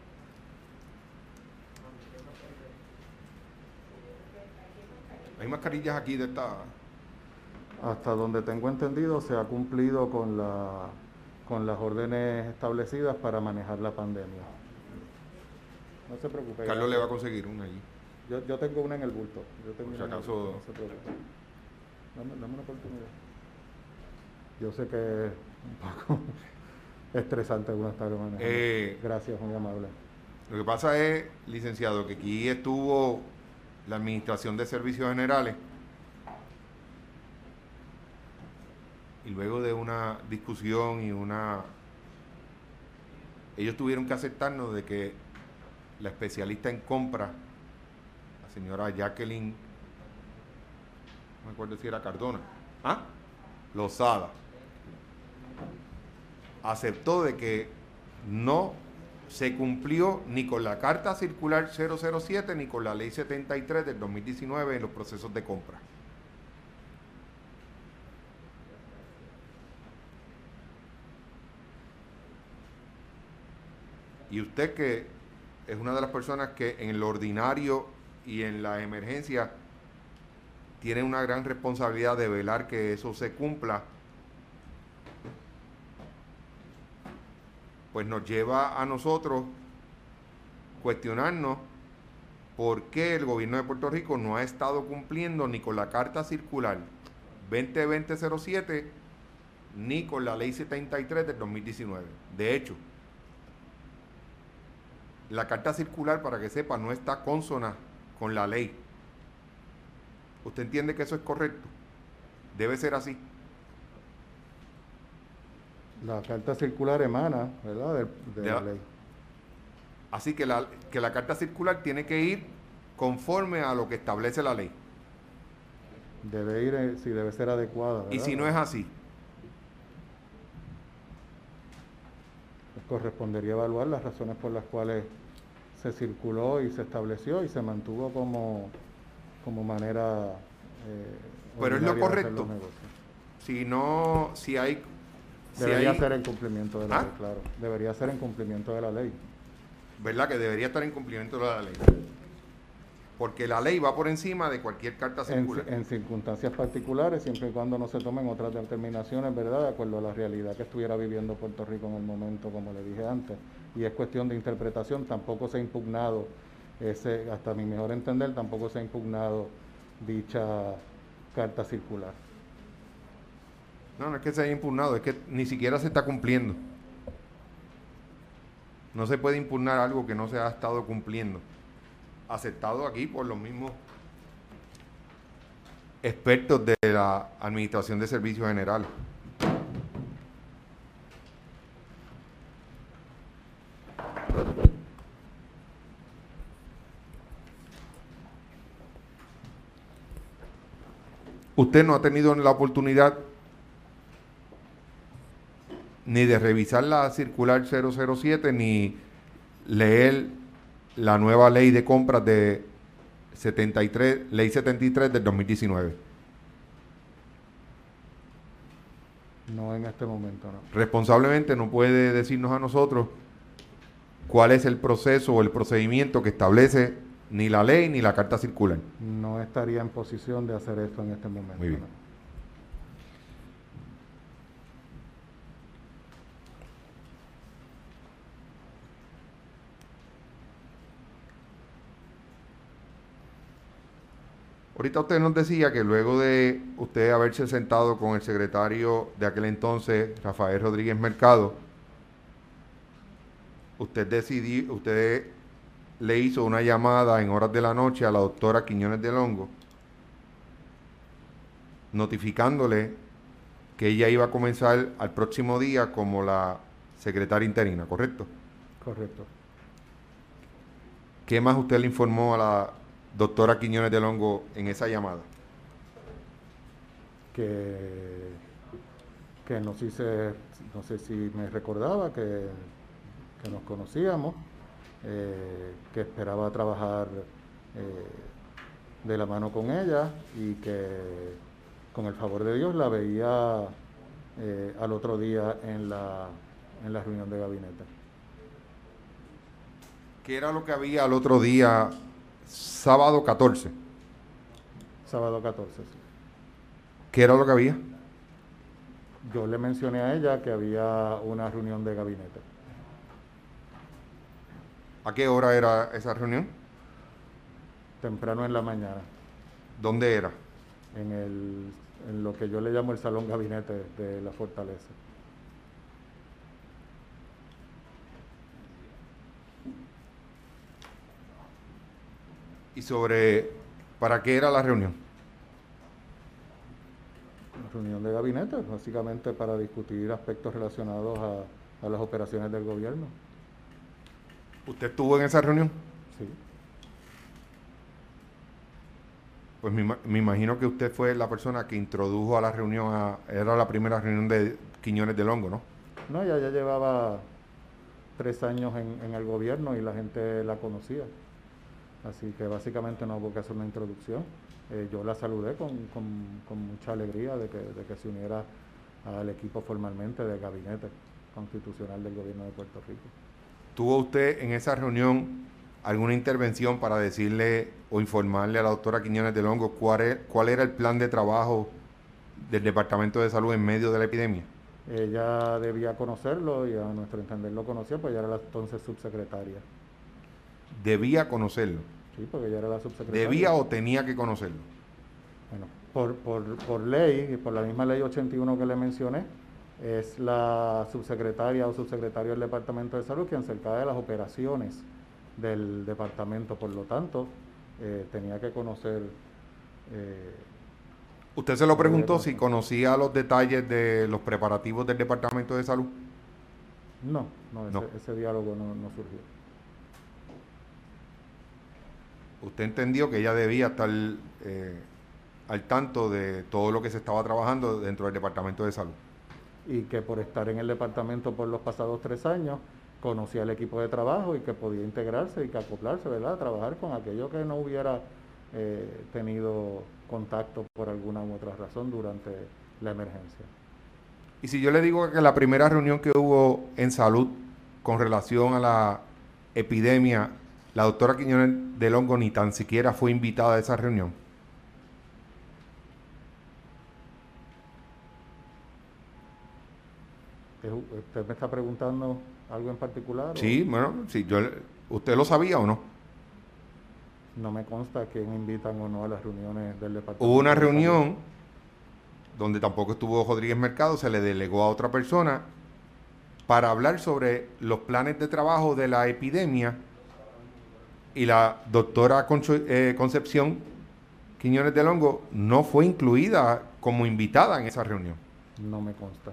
Hay mascarillas aquí de esta... Hasta donde tengo entendido se ha cumplido con la con las órdenes establecidas para manejar la pandemia. No se preocupe. Carlos le va a conseguir una allí. Yo, yo tengo una en el bulto. Yo tengo Por si una en el acaso... bulto, no se preocupe. Dame, dame una oportunidad. Yo sé que es un poco estresante algunas tardes manejando. Eh, Gracias, muy amable. Lo que pasa es, licenciado, que aquí estuvo la Administración de Servicios Generales y luego de una discusión y una... Ellos tuvieron que aceptarnos de que la especialista en compra, la señora Jacqueline, no me acuerdo si era Cardona, ¿ah? Lozada, aceptó de que no se cumplió ni con la Carta Circular cero cero siete ni con la Ley setenta y tres del dos mil diecinueve en los procesos de compra. Y usted, que es una de las personas que en lo ordinario y en la emergencia tiene una gran responsabilidad de velar que eso se cumpla, pues nos lleva a nosotros cuestionarnos por qué el gobierno de Puerto Rico no ha estado cumpliendo ni con la Carta Circular veinte veinte cero siete ni con la Ley setenta y tres del dos mil diecinueve. De hecho, la Carta Circular, para que sepa, no está consona con la ley. ¿Usted entiende que eso es correcto? Debe ser así. La carta circular emana, ¿verdad?, de, de, de la, la ley. Así que la, que la Carta Circular tiene que ir conforme a lo que establece la ley. Debe ir, eh, si debe ser adecuada, ¿verdad? Y si no es así, pues correspondería evaluar las razones por las cuales se circuló y se estableció y se mantuvo como, como manera eh, pero es lo ordinaria de hacer correcto. los negocios. Si no, si hay... si Debería hay, ser en cumplimiento de la ¿Ah? ley, claro. Debería ser en cumplimiento de la ley. ¿verdad? Que debería estar en cumplimiento de la ley. Porque la ley va por encima de cualquier carta En, circular. en circunstancias particulares, siempre y cuando no se tomen otras determinaciones, ¿verdad?, de acuerdo a la realidad que estuviera viviendo Puerto Rico en el momento, como le dije antes. Y es cuestión de interpretación, tampoco se ha impugnado, ese, hasta mi mejor entender, tampoco se ha impugnado dicha carta circular. No, no es que se haya impugnado, es que ni siquiera se está cumpliendo. No se puede impugnar algo que no se ha estado cumpliendo. Aceptado aquí por los mismos expertos de la Administración de Servicios Generales. Usted no ha tenido la oportunidad ni de revisar la circular cero cero siete ni leer la nueva ley de compras de setenta y tres, ley setenta y tres del dos mil diecinueve. No en este momento, no. Responsablemente no puede decirnos a nosotros cuál es el proceso o el procedimiento que establece ni la ley ni la carta circular. No estaría en posición de hacer esto en este momento. Muy bien. No. Ahorita usted nos decía que luego de usted haberse sentado con el secretario de aquel entonces, Rafael Rodríguez Mercado, usted decidió, usted le hizo una llamada en horas de la noche a la doctora Quiñones del Hongo, notificándole que ella iba a comenzar al próximo día como la secretaria interina, ¿correcto? Correcto. ¿Qué más usted le informó a la doctora Quiñones del Hongo en esa llamada? Que, que no, sé si se- no sé si me recordaba que, que nos conocíamos, eh, que esperaba trabajar eh, de la mano con ella y que con el favor de Dios la veía eh, al otro día en la, en la reunión de gabinete. ¿Qué era lo que había al otro día, sábado catorce? Sábado catorce, sí. ¿Qué era lo que había? Yo le mencioné a ella que había una reunión de gabinete, ¿A qué hora era esa reunión? temprano en la mañana, ¿Dónde era? en, el, en lo que yo le llamo el salón gabinete de la fortaleza. Y sobre, ¿para qué era la reunión? Una reunión de gabinete, básicamente para discutir aspectos relacionados a, a las operaciones del gobierno. ¿Usted estuvo en esa reunión? Sí, Pues me, ima- me imagino que usted fue la persona que introdujo a la reunión, a- era la primera reunión de Quiñones del Hongo, ¿no? no, ella ya llevaba tres años en, en el gobierno y la gente la conocía. Así que básicamente no hubo que hacer una introducción. Eh, yo la saludé con, con, con mucha alegría de que, de que se uniera al equipo formalmente del gabinete constitucional del gobierno de Puerto Rico. ¿Tuvo usted en esa reunión alguna intervención para decirle o informarle a la doctora Quiñones del Hongo cuál, e- cuál era el plan de trabajo del Departamento de Salud en medio de la epidemia? Ella debía conocerlo y a nuestro entender lo conocía, pues ella era la entonces subsecretaria. Debía conocerlo. Sí, porque ella era la subsecretaria. ¿Debía o tenía que conocerlo? Bueno, por, por, por ley, y por la misma ley ochenta y uno que le mencioné, es la subsecretaria o subsecretario del Departamento de Salud quien se encarga de las operaciones del departamento. Por lo tanto, eh, tenía que conocer, eh, ¿Usted se lo debía preguntó si conocer. conocía los detalles de los preparativos del Departamento de Salud? No, no, ese, No. ese diálogo no, no surgió. ¿Usted entendió que ella debía estar eh, al tanto de todo lo que se estaba trabajando dentro del Departamento de Salud? Y que por estar en el departamento por los pasados tres años, conocía el equipo de trabajo y que podía integrarse y que acoplarse, ¿verdad? A trabajar con aquello que no hubiera eh, tenido contacto por alguna u otra razón durante la emergencia. Y si yo le digo que la primera reunión que hubo en salud con relación a la epidemia, la doctora Quiñones del Hongo ni tan siquiera fue invitada a esa reunión. ¿Usted me está preguntando algo en particular o Sí, bueno, sí, yo, ¿usted lo sabía o no? no me consta a quién invitan o no a las reuniones del Hubo una Departamento de Salud? reunión donde tampoco estuvo Rodríguez Mercado, se le delegó a otra persona para hablar sobre los planes de trabajo de la epidemia y la doctora Concho- eh, Concepción Quiñones del Hongo no fue incluida como invitada en esa reunión. No me consta.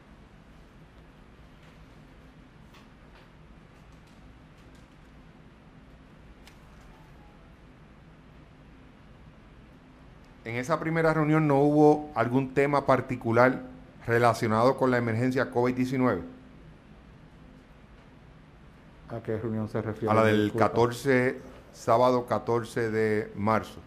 En esa primera reunión no hubo algún tema particular relacionado con la emergencia COVID diecinueve, ¿A qué reunión se a refiere? la Me del disculpa. catorce, sábado catorce de marzo.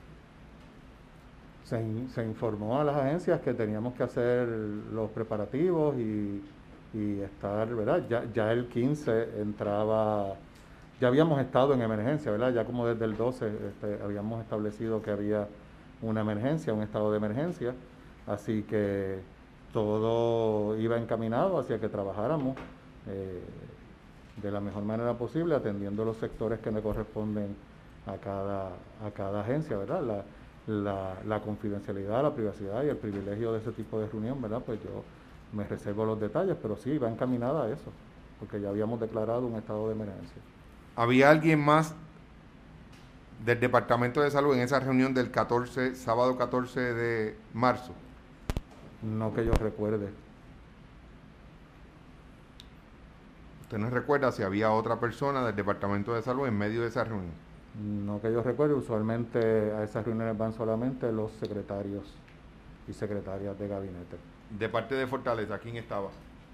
Se, in- se informó a las agencias que teníamos que hacer los preparativos y, y estar, ¿verdad? Ya, ya el quince entraba, ya habíamos estado en emergencia, ¿verdad? Ya como desde el doce este, habíamos establecido que había una emergencia, un estado de emergencia, así que todo iba encaminado hacia que trabajáramos eh, de la mejor manera posible, atendiendo los sectores que le corresponden a cada, a cada agencia, ¿verdad? La, la, la confidencialidad, la privacidad y el privilegio de ese tipo de reunión, ¿verdad? Pues yo me reservo los detalles, pero sí, va encaminada a eso, porque ya habíamos declarado un estado de emergencia. ¿Había alguien más del Departamento de Salud en esa reunión del catorce, sábado catorce de marzo? No que yo recuerde. ¿Usted no recuerda si había otra persona del Departamento de Salud en medio de esa reunión? No que yo recuerde, usualmente a esas reuniones van solamente los secretarios y secretarias de gabinete. De parte de Fortaleza, ¿quién estaba?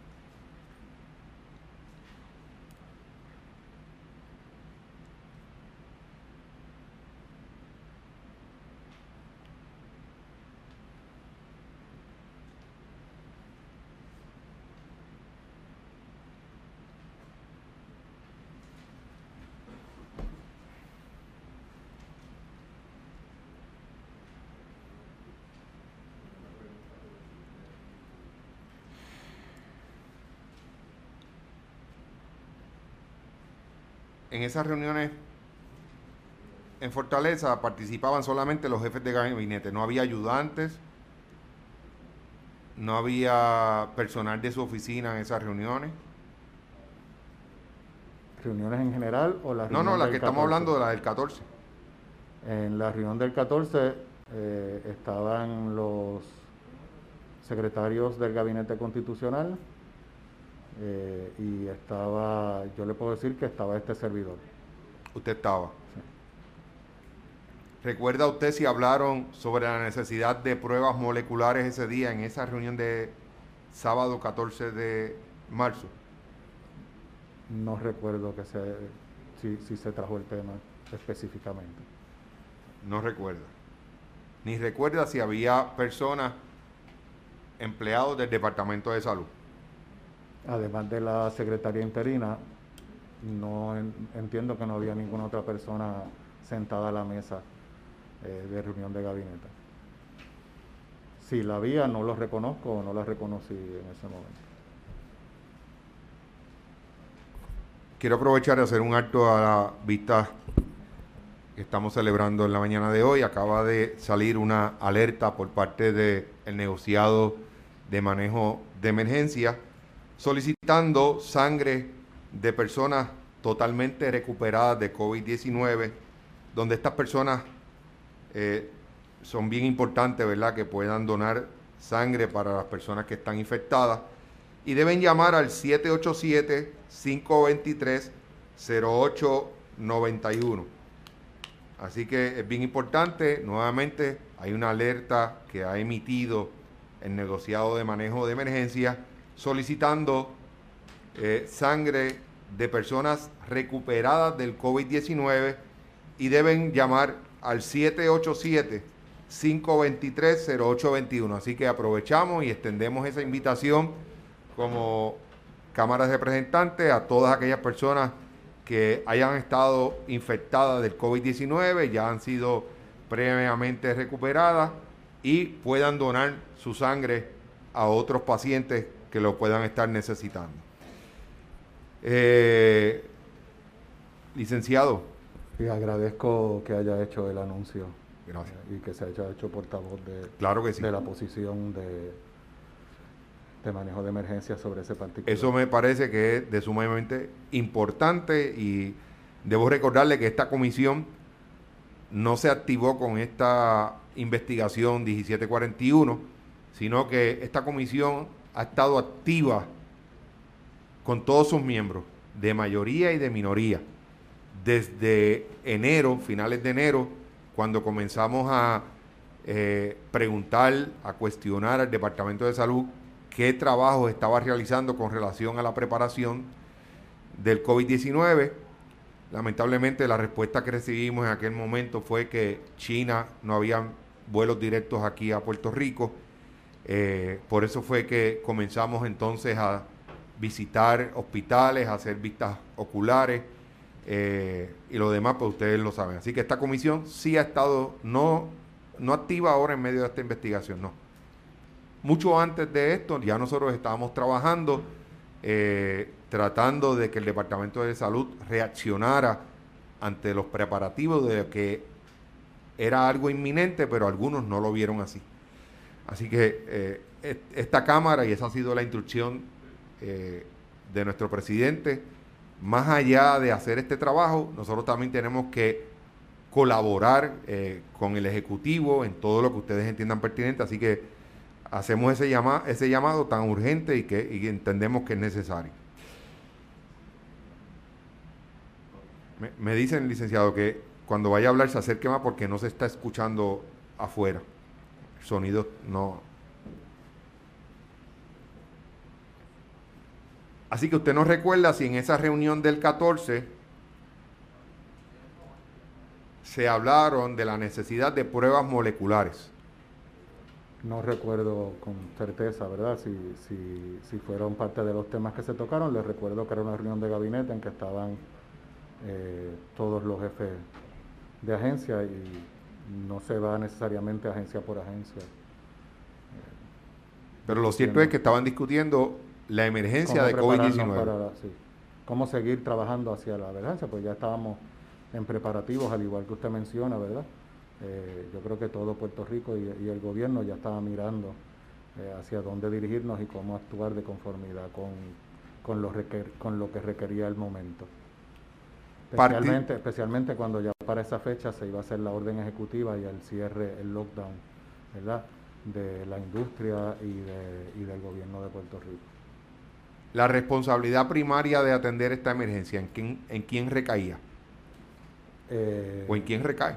En esas reuniones en Fortaleza participaban solamente los jefes de gabinete, no había ayudantes, no había personal de su oficina en esas reuniones. ¿Reuniones en general o la No, no, reunión la que del estamos catorce? hablando de la del catorce. En la reunión del catorce eh, estaban los secretarios del gabinete constitucional eh, y estaba, yo le puedo decir que estaba este servidor. Usted estaba. Sí. ¿Recuerda usted si hablaron sobre la necesidad de pruebas moleculares ese día en esa reunión de sábado catorce de marzo? No recuerdo que se, si, si se trajo el tema específicamente. No recuerda. Ni recuerda si había personas, empleados del Departamento de Salud. Además de la secretaria interina, no en, entiendo que no había ninguna otra persona sentada a la mesa eh, de reunión de gabinete. Si la había, no lo reconozco o no la reconocí en ese momento. Quiero aprovechar de hacer un acto a la vista que estamos celebrando en la mañana de hoy. Acaba de salir una alerta por parte del negociado de manejo de emergencia solicitando sangre de personas totalmente recuperadas de COVID diecinueve, donde estas personas eh, son bien importantes, ¿verdad?, que puedan donar sangre para las personas que están infectadas, y deben llamar al siete ocho siete, cinco dos tres, cero ocho nueve uno. Así que es bien importante. Nuevamente hay una alerta que ha emitido el negociado de manejo de emergencia solicitando eh, sangre de personas recuperadas del COVID diecinueve y deben llamar al siete ocho siete, cinco dos tres, cero ocho dos uno. Así que aprovechamos y extendemos esa invitación como Cámara de Representantes a todas aquellas personas que hayan estado infectadas del COVID diecinueve, ya han sido previamente recuperadas y puedan donar su sangre a otros pacientes que lo puedan estar necesitando. Eh, licenciado. Y agradezco que haya hecho el anuncio. Gracias. Eh, y que se haya hecho portavoz de, claro que sí. de la posición de, de manejo de emergencia sobre ese particular. Eso me parece que es de sumamente importante y debo recordarle que esta comisión no se activó con esta investigación diecisiete cuarenta y uno, sino que esta comisión ha estado activa con todos sus miembros, de mayoría y de minoría, desde enero, finales de enero, cuando comenzamos a eh, preguntar, a cuestionar al Departamento de Salud qué trabajo estaba realizando con relación a la preparación del COVID diecinueve. Lamentablemente la respuesta que recibimos en aquel momento fue que China no había vuelos directos aquí a Puerto Rico. Eh, por eso fue que comenzamos entonces a visitar hospitales, a hacer vistas oculares eh, y lo demás, pues ustedes lo saben. Así que esta comisión sí ha estado no, no activa ahora en medio de esta investigación, no. Mucho antes de esto ya nosotros estábamos trabajando, eh, tratando de que el Departamento de Salud reaccionara ante los preparativos de que era algo inminente, pero algunos no lo vieron así. Así que eh, esta Cámara, y esa ha sido la instrucción eh, de nuestro presidente, más allá de hacer este trabajo, nosotros también tenemos que colaborar eh, con el Ejecutivo en todo lo que ustedes entiendan pertinente, así que hacemos ese, llama, ese llamado tan urgente y que y entendemos que es necesario. Me, me dicen, licenciado, que cuando vaya a hablar se acerque más porque no se está escuchando afuera. El sonido no. Así que usted nos recuerda si en esa reunión del catorce se hablaron de la necesidad de pruebas moleculares. No recuerdo con certeza, ¿verdad? Si, si, si fueron parte de los temas que se tocaron. Les recuerdo que era una reunión de gabinete en que estaban eh, todos los jefes de agencia y no se va necesariamente agencia por agencia. Eh, Pero lo cierto es que estaban discutiendo la emergencia de COVID diecinueve. Para, sí, cómo seguir trabajando hacia la emergencia, pues ya estábamos en preparativos, al igual que usted menciona, ¿verdad? Eh, yo creo que todo Puerto Rico y, y el gobierno ya estaba mirando eh, hacia dónde dirigirnos y cómo actuar de conformidad con, con, lo, requer, con lo que requería el momento. Especialmente, especialmente cuando ya para esa fecha se iba a hacer la orden ejecutiva y el cierre, el lockdown, ¿verdad?, de la industria y, de, y del gobierno de Puerto Rico. La responsabilidad primaria de atender esta emergencia, ¿en quién, en quién recaía? Eh, ¿O en quién recae?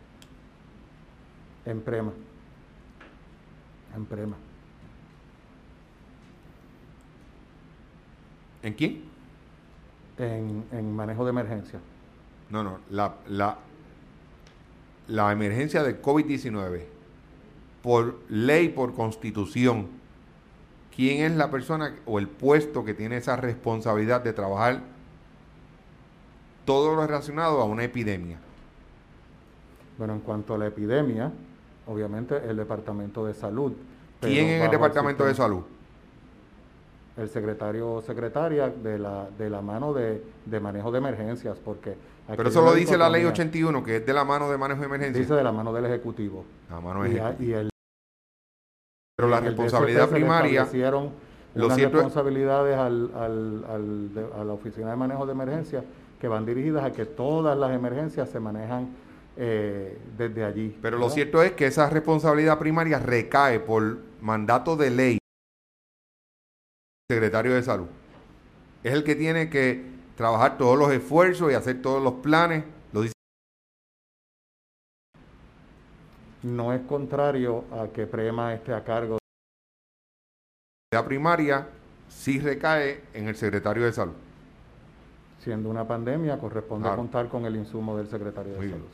En Prema. En Prema. ¿En quién? En, en manejo de emergencia. No, no, la, la, la emergencia del COVID diecinueve, por ley, por constitución, ¿quién es la persona o el puesto que tiene esa responsabilidad de trabajar todo lo relacionado a una epidemia? Bueno, en cuanto a la epidemia, obviamente el Departamento de Salud. ¿Quién en el Departamento de Salud? El secretario o secretaria de la, de la mano de, de manejo de emergencias, porque... Pero eso lo dice la ley ochenta y uno, que es de la mano de manejo de emergencias. Dice de la mano del Ejecutivo. La mano del Ejecutivo. Y, y el, Pero la responsabilidad primaria... Hicieron unas responsabilidades al, al, al, de, a la Oficina de Manejo de Emergencias que van dirigidas a que todas las emergencias se manejan eh, desde allí. Pero ¿verdad? Lo cierto es que esa responsabilidad primaria recae por mandato de ley del secretario de Salud. Es el que tiene que trabajar todos los esfuerzos y hacer todos los planes. Lo dice. No es contrario a que Prema esté a cargo. La primaria sí recae en el secretario de Salud. Siendo una pandemia, corresponde claro. contar con el insumo del secretario de Muy Salud. Bien.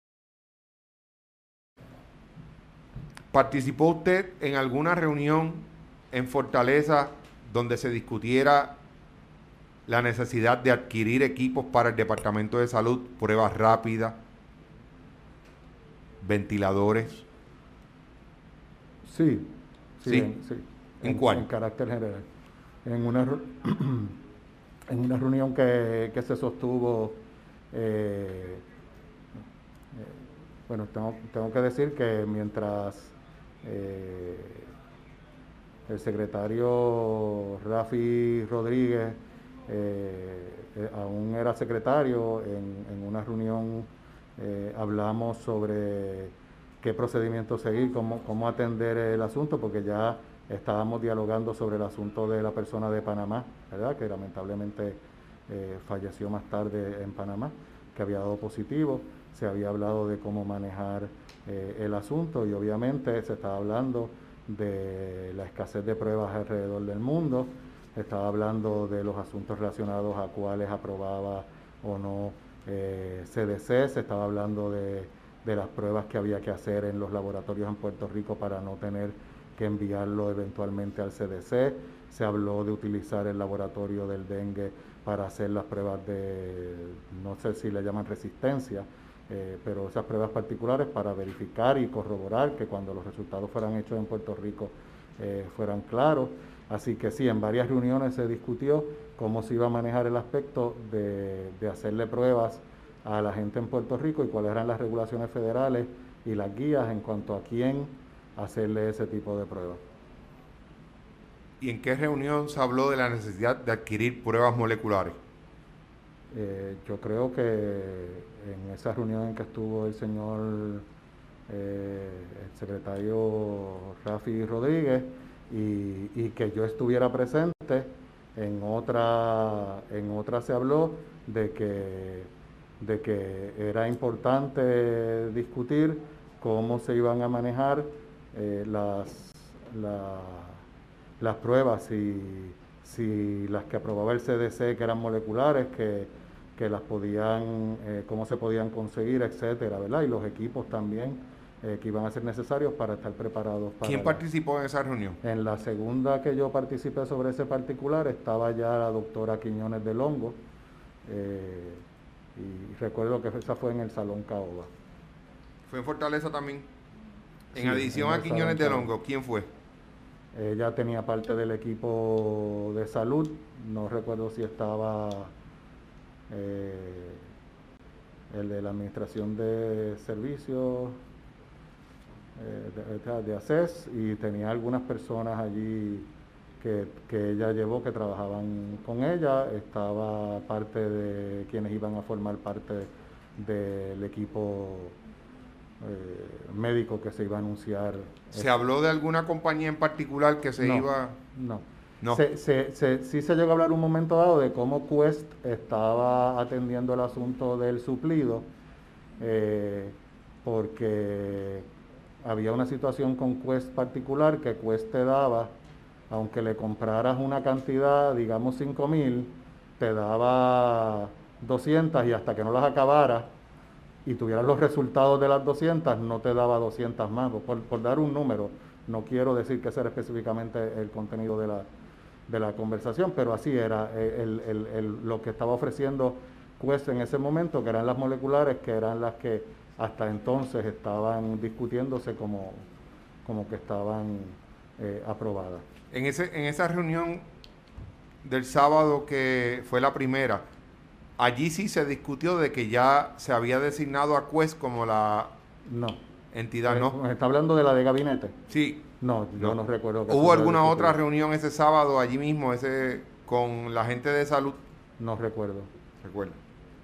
¿Participó usted en alguna reunión en Fortaleza donde se discutiera la necesidad de adquirir equipos para el Departamento de Salud, pruebas rápidas, ventiladores? Sí. Sí. ¿Sí? En, sí. ¿En, en cuál? En carácter general. En una, en una reunión que, que se sostuvo, eh, eh, bueno, tengo, tengo que decir que mientras eh, el secretario Rafi Rodríguez eh, eh, aún era secretario, en, en una reunión eh, hablamos sobre qué procedimiento seguir, cómo, cómo atender el asunto, porque ya estábamos dialogando sobre el asunto de la persona de Panamá, ¿verdad?, que lamentablemente eh, falleció más tarde en Panamá, que había dado positivo. Se había hablado de cómo manejar eh, el asunto y obviamente se estaba hablando de la escasez de pruebas alrededor del mundo, estaba hablando de los asuntos relacionados a cuáles aprobaba o no eh, C D C, se estaba hablando de, de las pruebas que había que hacer en los laboratorios en Puerto Rico para no tener que enviarlo eventualmente al C D C, se habló de utilizar el laboratorio del dengue para hacer las pruebas de, no sé si le llaman resistencia, eh, pero esas pruebas particulares para verificar y corroborar que cuando los resultados fueran hechos en Puerto Rico eh, fueran claros. Así que sí, en varias reuniones se discutió cómo se iba a manejar el aspecto de, de hacerle pruebas a la gente en Puerto Rico y cuáles eran las regulaciones federales y las guías en cuanto a quién hacerle ese tipo de pruebas. ¿Y en qué reunión se habló de la necesidad de adquirir pruebas moleculares? Eh, yo creo que en esa reunión en que estuvo el señor, eh, el secretario Rafi Rodríguez, y, y que yo estuviera presente, en otra, en otra se habló de que, de que era importante discutir cómo se iban a manejar eh, las, la, las pruebas, si, si las que aprobaba el C D C, que eran moleculares, que, que las podían, eh, cómo se podían conseguir, etcétera, ¿verdad? Y los equipos también eh, que iban a ser necesarios para estar preparados para ¿Quién la... participó en esa reunión? En la segunda que yo participé sobre ese particular estaba ya la doctora Quiñones de Longo, eh, y recuerdo que esa fue en el Salón Caoba. ¿Fue en Fortaleza también? En Sí, adición en a el Salón Quiñones de Caoba. Longo, ¿quién fue? Ella tenía parte del equipo de salud, no recuerdo si estaba eh, el de la Administración de Servicios eh, de, de ACES, y tenía algunas personas allí que, que ella llevó que trabajaban con ella. Estaba parte de quienes iban a formar parte del equipo eh, médico que se iba a anunciar. ¿Se Ese. habló de alguna compañía en particular que se No, iba...? no. No. Se, se, se, sí se llegó a hablar un momento dado de cómo Quest estaba atendiendo el asunto del suplido, eh, porque había una situación con Quest particular, que Quest te daba, aunque le compraras una cantidad, digamos cinco mil, te daba doscientas, y hasta que no las acabaras y tuvieras los resultados de las doscientas, no te daba doscientas más. Por, por dar un número, no quiero decir que ese era específicamente el contenido de la, de la conversación, pero así era el, el, el, lo que estaba ofreciendo Quest en ese momento, que eran las moleculares, que eran las que hasta entonces estaban discutiéndose como, como que estaban eh, aprobadas. En, ese, en esa reunión del sábado, que fue la primera, allí sí se discutió de que ya se había designado a Quest como la No. entidad, Eh, ¿no? ¿Está hablando de la de gabinete? Sí, No, yo no. no recuerdo que se ¿Hubo hubiera alguna otra discutido. reunión ese sábado allí mismo, ese con la gente de salud? No recuerdo. Recuerda.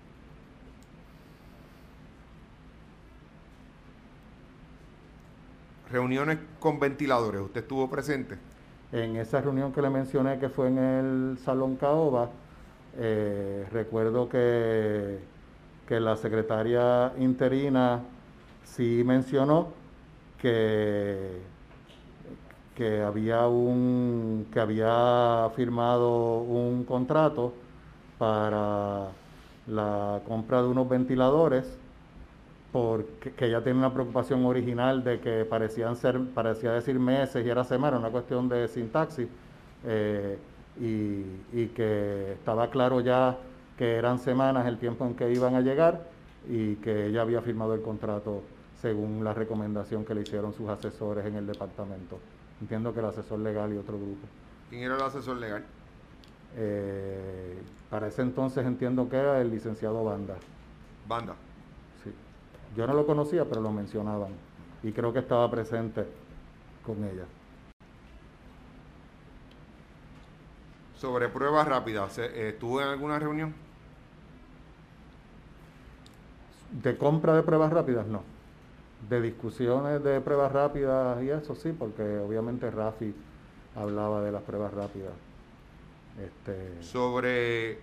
Reuniones con ventiladores, ¿usted estuvo presente? En esa reunión que le mencioné, que fue en el Salón Caoba, eh, recuerdo que, que la secretaria interina sí mencionó que, que había un que había firmado un contrato para la compra de unos ventiladores, porque que ella tiene una preocupación original de que parecían ser, parecía decir meses y era semana, una cuestión de sintaxis, eh, y, y que estaba claro ya que eran semanas el tiempo en que iban a llegar, y que ella había firmado el contrato según la recomendación que le hicieron sus asesores en el departamento. Entiendo que el asesor legal y otro grupo. ¿Quién era el asesor legal? Eh, para ese entonces entiendo que era el licenciado Banda. Banda. Sí. Yo no lo conocía, pero lo mencionaban. Y creo que estaba presente con ella. Sobre pruebas rápidas, eh, ¿estuvo en alguna reunión? De compra de pruebas rápidas, no. De discusiones de pruebas rápidas y eso sí, porque obviamente Rafi hablaba de las pruebas rápidas. Este, Sobre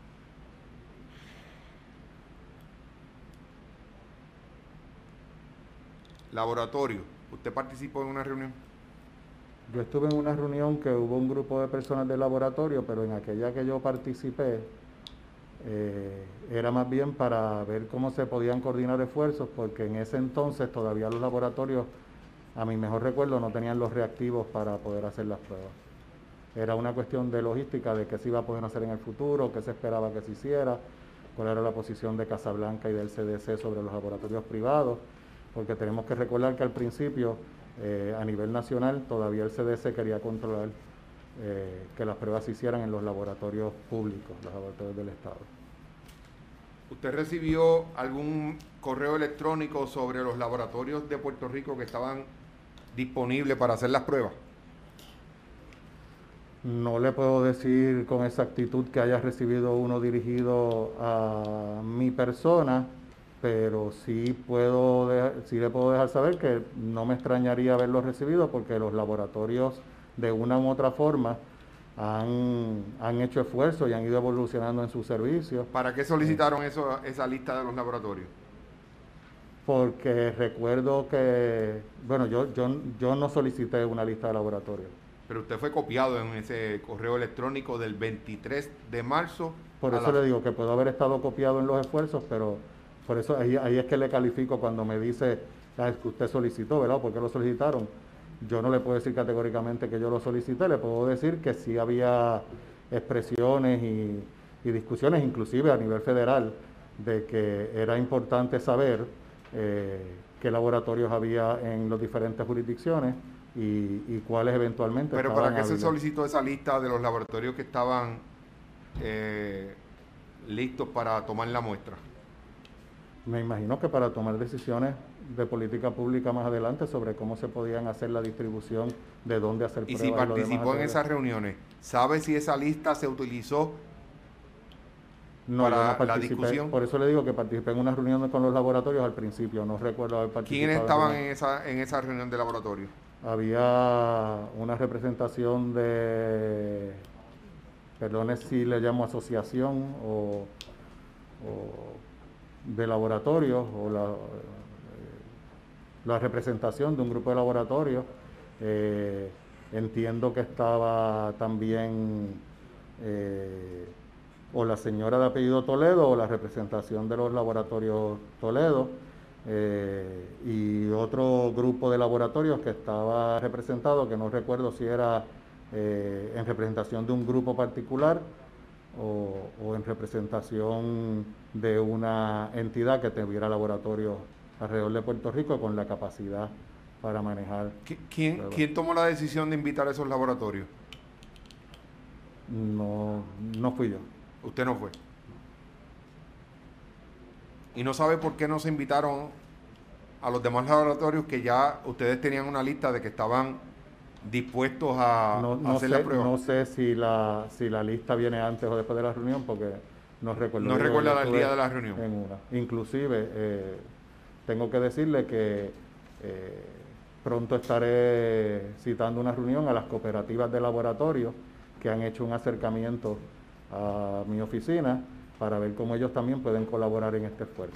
laboratorio, ¿usted participó en una reunión? yo estuve en una reunión que hubo un grupo de personas del laboratorio, pero en aquella que yo participé, eh, era más bien para ver cómo se podían coordinar esfuerzos, porque en ese entonces todavía los laboratorios, a mi mejor recuerdo, no tenían los reactivos para poder hacer las pruebas. Era una cuestión de logística, de qué se iba a poder hacer en el futuro, qué se esperaba que se hiciera, cuál era la posición de Casablanca y del C D C sobre los laboratorios privados, porque tenemos que recordar que al principio, eh, a nivel nacional, todavía el C D C quería controlar eh, que las pruebas se hicieran en los laboratorios públicos, los laboratorios del Estado. ¿Usted recibió algún correo electrónico sobre los laboratorios de Puerto Rico que estaban disponibles para hacer las pruebas? No le puedo decir con exactitud que haya recibido uno dirigido a mi persona, pero sí puedo de- sí le puedo dejar saber que no me extrañaría haberlo recibido porque los laboratorios de una u otra forma han, han hecho esfuerzos y han ido evolucionando en sus servicios. ¿Para qué Eh, solicitaron eso, esa lista de los laboratorios? porque recuerdo que, bueno, yo, yo, yo no solicité una lista de laboratorios. Pero usted fue copiado en ese correo electrónico del veintitrés de marzo Por a eso las... le digo que puedo haber estado copiado en los esfuerzos, pero por eso ahí, ahí es que le califico cuando me dice "Ah, es que usted solicitó, ¿verdad? ¿Por qué lo solicitaron?". Yo no le puedo decir categóricamente que yo lo solicité, le puedo decir que sí había expresiones y, y discusiones, inclusive a nivel federal, de que era importante saber eh, qué laboratorios había en las diferentes jurisdicciones y, y cuáles eventualmente Pero ¿para estaban qué se hábiles. solicitó esa lista de los laboratorios que estaban eh, listos para tomar la muestra? Me imagino que para tomar decisiones de política pública más adelante sobre cómo se podían hacer la distribución, de dónde hacer Y si pruebas y lo demás a participó en través de... esas reuniones, ¿sabe si esa lista se utilizó No, yo no para la participé, discusión? por eso le digo que participé en una reunión con los laboratorios al principio, no recuerdo haber ¿Quiénes participado en estaban reuniones. en esa, en esa reunión de laboratorio? Había una representación de, perdone si le llamo asociación o, o de laboratorios, o la, la representación de un grupo de laboratorios. Eh, entiendo que estaba también eh, o la señora de apellido Toledo o la representación de los laboratorios Toledo, eh, y otro grupo de laboratorios que estaba representado, que no recuerdo si era eh, en representación de un grupo particular o, o en representación de una entidad que tuviera laboratorios alrededor de Puerto Rico con la capacidad para manejar ¿Quién, pruebas. quién tomó la decisión de invitar a esos laboratorios? No, no fui yo. Usted no fue. Y no sabe por qué no se invitaron a los demás laboratorios que ya ustedes tenían una lista de que estaban dispuestos a, No, a no hacer la sé, prueba. no sé si la, si la lista viene antes o después de la reunión, porque no recuerdo. No Yo, yo recuerda el estuve día de la reunión. en una. Inclusive, eh, tengo que decirle que eh, pronto estaré citando una reunión a las cooperativas de laboratorio que han hecho un acercamiento a mi oficina para ver cómo ellos también pueden colaborar en este esfuerzo.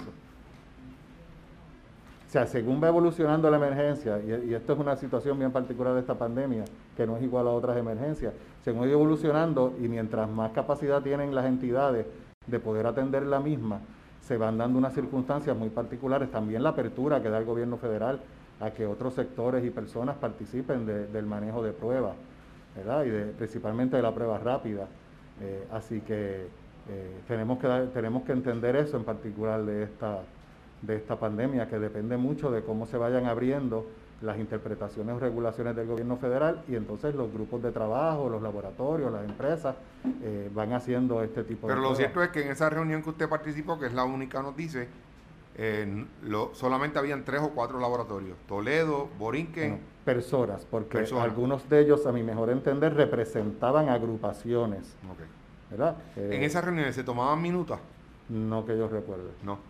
O sea, según va evolucionando la emergencia, y, y esto es una situación bien particular de esta pandemia, que no es igual a otras emergencias, según va evolucionando y mientras más capacidad tienen las entidades de poder atender la misma, se van dando unas circunstancias muy particulares. También la apertura que da el gobierno federal a que otros sectores y personas participen de, del manejo de pruebas, ¿verdad? Y de, principalmente de la prueba rápida. Eh, así que eh, tenemos que dar, tenemos que entender eso en particular de esta de esta pandemia, que depende mucho de cómo se vayan abriendo las interpretaciones o regulaciones del gobierno federal, y entonces los grupos de trabajo, los laboratorios, las empresas eh, van haciendo este tipo Pero de lo pruebas. cierto es que en esa reunión que usted participó, que es la única, nos dice, eh, lo, solamente habían tres o cuatro laboratorios. Toledo, Borinquen. Bueno, personas, porque Personas. algunos de ellos, a mi mejor entender, representaban agrupaciones, Okay. ¿verdad? Eh, ¿En Eh, esas reuniones se tomaban minutas? no que yo recuerde. No.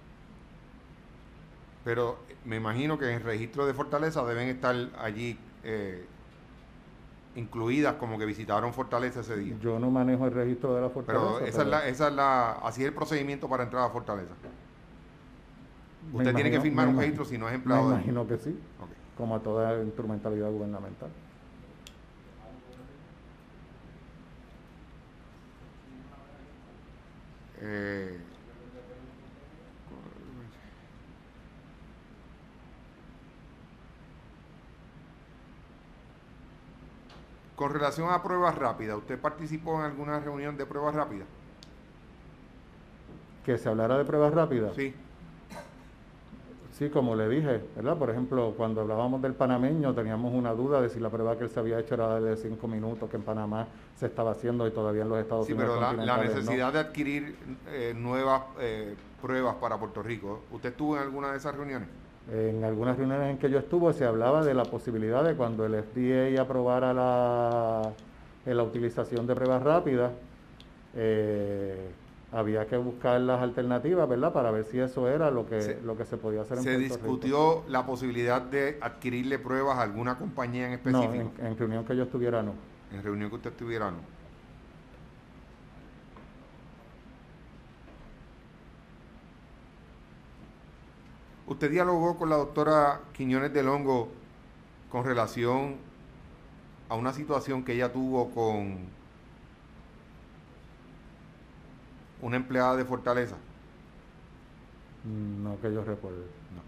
Pero me imagino que en el registro de Fortaleza deben estar allí eh, incluidas como que visitaron Fortaleza ese día. Yo no manejo el registro de la Fortaleza. Pero esa pero es la, esa es la, así es el procedimiento para entrar a Fortaleza. Usted imagino, tiene que firmar un imagino, registro si no es me empleado de allí. imagino que sí, Okay. como a toda instrumentalidad gubernamental. Eh, con relación a pruebas rápidas, ¿usted participó en alguna reunión de pruebas rápidas? Que se hablara de pruebas rápidas. Sí. Sí, como le dije, ¿verdad? Por ejemplo, cuando hablábamos del panameño, teníamos una duda de si la prueba que él se había hecho era de cinco minutos, que en Panamá se estaba haciendo y todavía en los Estados Sí, Unidos pero la, la continentales no. necesidad de adquirir eh, nuevas eh, pruebas para Puerto Rico, ¿usted estuvo en alguna de esas reuniones? En algunas reuniones en que yo estuve se hablaba de la posibilidad de cuando el F D A aprobara la, eh, la utilización de pruebas rápidas, eh, había que buscar las alternativas, ¿verdad? Para ver si eso era lo que, Se, lo que se podía hacer en se Puerto Rico. discutió la posibilidad de adquirirle pruebas a alguna compañía en No, en, específico, en reunión que yo estuviera no. en reunión que usted estuviera, no. ¿Usted dialogó con la doctora Quiñones del Hongo con relación a una situación que ella tuvo con una empleada de Fortaleza? No que yo recuerde. No.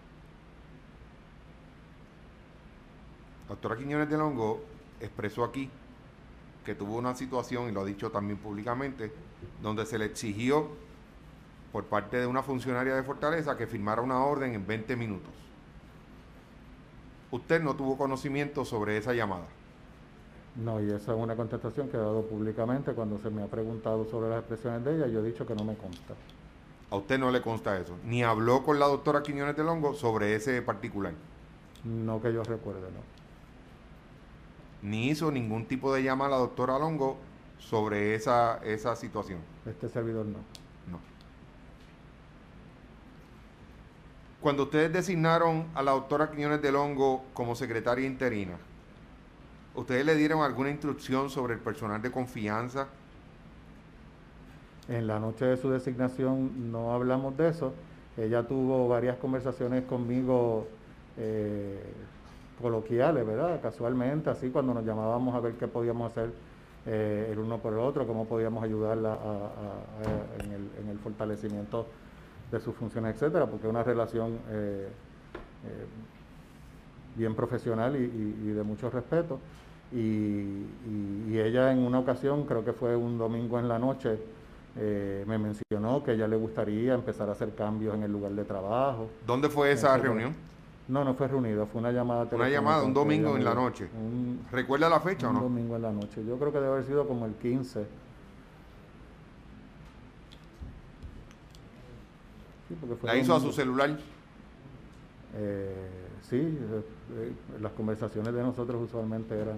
La doctora Quiñones del Hongo expresó aquí que tuvo una situación, y lo ha dicho también públicamente, donde se le exigió por parte de una funcionaria de Fortaleza que firmara una orden en veinte minutos. Usted no tuvo conocimiento sobre esa llamada. No, y esa es una contestación que he dado públicamente cuando se me ha preguntado sobre las expresiones de ella. Yo he dicho que no me consta. A usted no le consta eso. Ni habló con la doctora Quiñones del Hongo sobre ese particular. No que yo recuerde, no. Ni hizo ningún tipo de llamada a la doctora Longo sobre esa, esa situación. Este servidor no. No. Cuando ustedes designaron a la doctora Quiñones del Hongo como secretaria interina, ¿ustedes le dieron alguna instrucción sobre el personal de confianza? En la noche de su designación no hablamos de eso. Ella tuvo varias conversaciones conmigo eh, coloquiales, ¿verdad? Casualmente, así cuando nos llamábamos a ver qué podíamos hacer eh, el uno por el otro, cómo podíamos ayudarla a, a, a, en, el, en el fortalecimiento de sus funciones, etcétera, porque es una relación eh, eh, bien profesional y, y, y de mucho respeto. Y, y, y ella en una ocasión, creo que fue un domingo en la noche, eh, me mencionó que a ella le gustaría empezar a hacer cambios en el lugar de trabajo, ¿Dónde fue esa etcétera. reunión? No, no fue reunido, fue una llamada Una telefónica llamada, un en que ella domingo me en la dio. noche. Un, ¿Recuerda la fecha o un no? domingo en la noche. Yo creo que debe haber sido como el quince. Sí, porque fue ¿La hizo a su domingo. celular? Eh, sí, eh, eh, las conversaciones de nosotros usualmente eran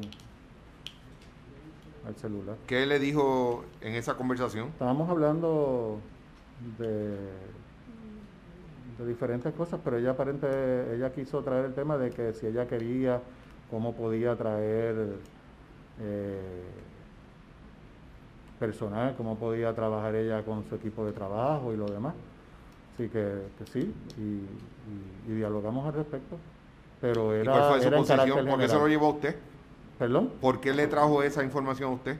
al celular. ¿Qué le dijo en esa conversación? Estábamos hablando de, de diferentes cosas, pero ella aparente, ella quiso traer el tema de que si ella quería, cómo podía traer eh, personal, cómo podía trabajar ella con su equipo de trabajo y lo demás. Así que, que sí, y, y, y dialogamos al respecto. Pero ¿Y cuál era, fue su era en posición? carácter ¿Por qué se lo general. llevó a usted? ¿Perdón? ¿Por qué le trajo esa información a usted?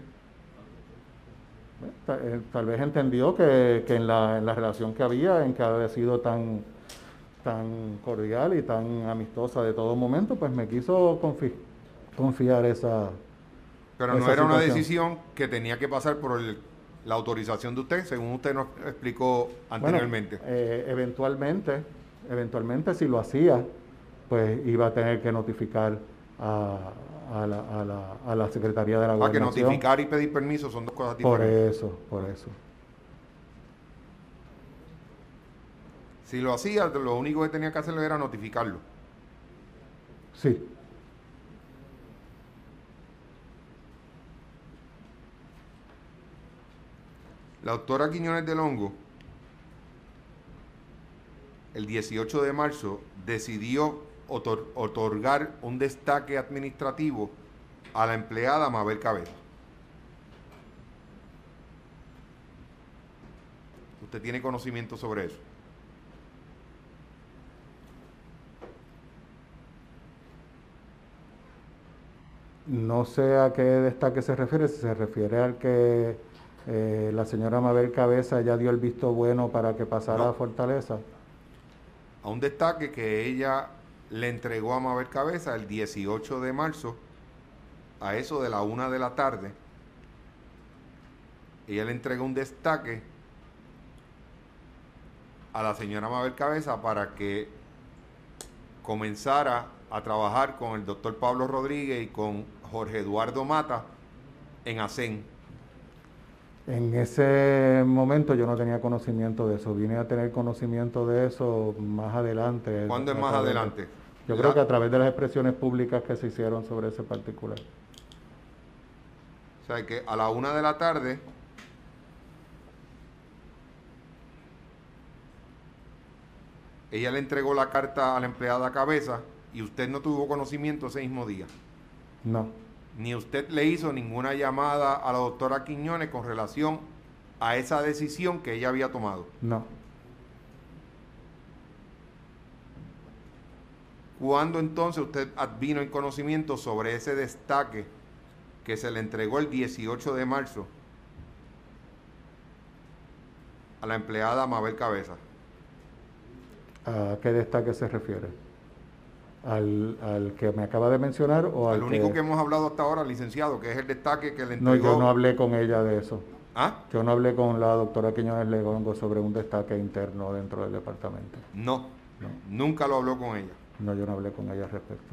Tal, eh, tal vez entendió que, que en, la, en la relación que había, en que había sido tan, tan cordial y tan amistosa de todo momento, pues me quiso confi confiar esa, Pero no esa era una situación. decisión que tenía que pasar por el, la autorización de usted, según usted nos explicó Bueno, anteriormente. eh, eventualmente, eventualmente si lo hacía, pues iba a tener que notificar a, a, la, a, la, a la Secretaría de la Ah, que Gobernación. notificar y pedir permiso son dos cosas Por diferentes. eso, por eso. Si lo hacía, lo único que tenía que hacerlo era notificarlo. Sí. La doctora Quiñones del Hongo, el dieciocho de marzo, decidió otor otorgar un destaque administrativo a la empleada Mabel Cabeza. ¿Usted tiene conocimiento sobre eso? No sé a qué destaque se refiere, si se refiere al que eh, la señora Mabel Cabeza ya dio el visto bueno para que pasara a No, Fortaleza. a un destaque que ella le entregó a Mabel Cabeza el dieciocho de marzo, a eso de la una de la tarde. Ella le entregó un destaque a la señora Mabel Cabeza para que comenzara a trabajar con el doctor Pablo Rodríguez y con Jorge Eduardo Mata en ASEN. En ese momento yo no tenía conocimiento de eso, vine a tener conocimiento de eso más adelante. ¿Cuándo es más adelante? Yo creo que a través de las expresiones públicas que se hicieron sobre ese particular. O sea que a la una de la tarde ella le entregó la carta a la empleada Cabeza y usted no tuvo conocimiento ese mismo día. No. Ni usted le hizo ninguna llamada a la doctora Quiñones con relación a esa decisión que ella había tomado. No. ¿Cuándo entonces usted vino en conocimiento sobre ese destaque que se le entregó el dieciocho de marzo a la empleada Mabel Cabeza? ¿A qué destaque se refiere? ¿Al, al que me acaba de mencionar o al Al único que... que hemos hablado hasta ahora, licenciado, que es el destaque que le No, entregó... yo no hablé con ella de eso. ¿Ah? Yo no hablé con la doctora Quiñones Legongo sobre un destaque interno dentro del departamento. No, No. nunca lo habló con ella. No, yo no hablé con ella al respecto.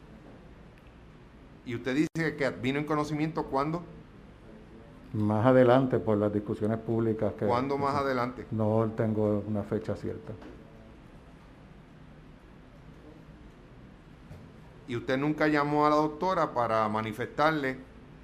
Y usted dice que vino en conocimiento ¿cuándo? Más adelante, por las discusiones públicas que... ¿Cuándo más adelante? No tengo una fecha cierta. Y usted nunca llamó a la doctora para manifestarle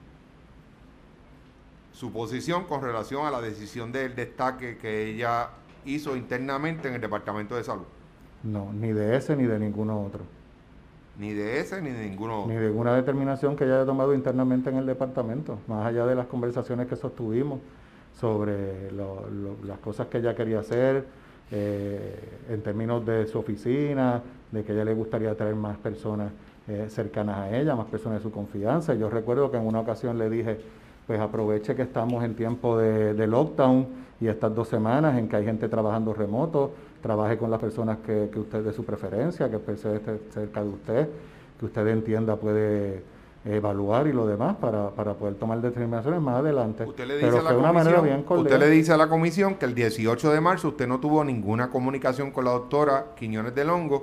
su posición con relación a la decisión del destaque que ella hizo internamente en el Departamento de Salud. No, ni de ese ni de ninguno otro. Ni de ese ni de ninguno otro. Ni de ninguna determinación que ella haya tomado internamente en el departamento, más allá de las conversaciones que sostuvimos sobre lo, lo, las cosas que ella quería hacer, eh, en términos de su oficina, de que a ella le gustaría traer más personas eh, cercanas a ella, más personas de su confianza. Yo recuerdo que en una ocasión le dije, pues aproveche que estamos en tiempo de, de lockdown y estas dos semanas en que hay gente trabajando remoto, trabaje con las personas que, que usted de su preferencia, que esté cerca de usted, que usted entienda puede evaluar y lo demás para, para poder tomar determinaciones más adelante. Usted le dice Pero a la fue de una manera bien cordial. Usted le dice a la comisión que el dieciocho de marzo usted no tuvo ninguna comunicación con la doctora Quiñones del Hongo.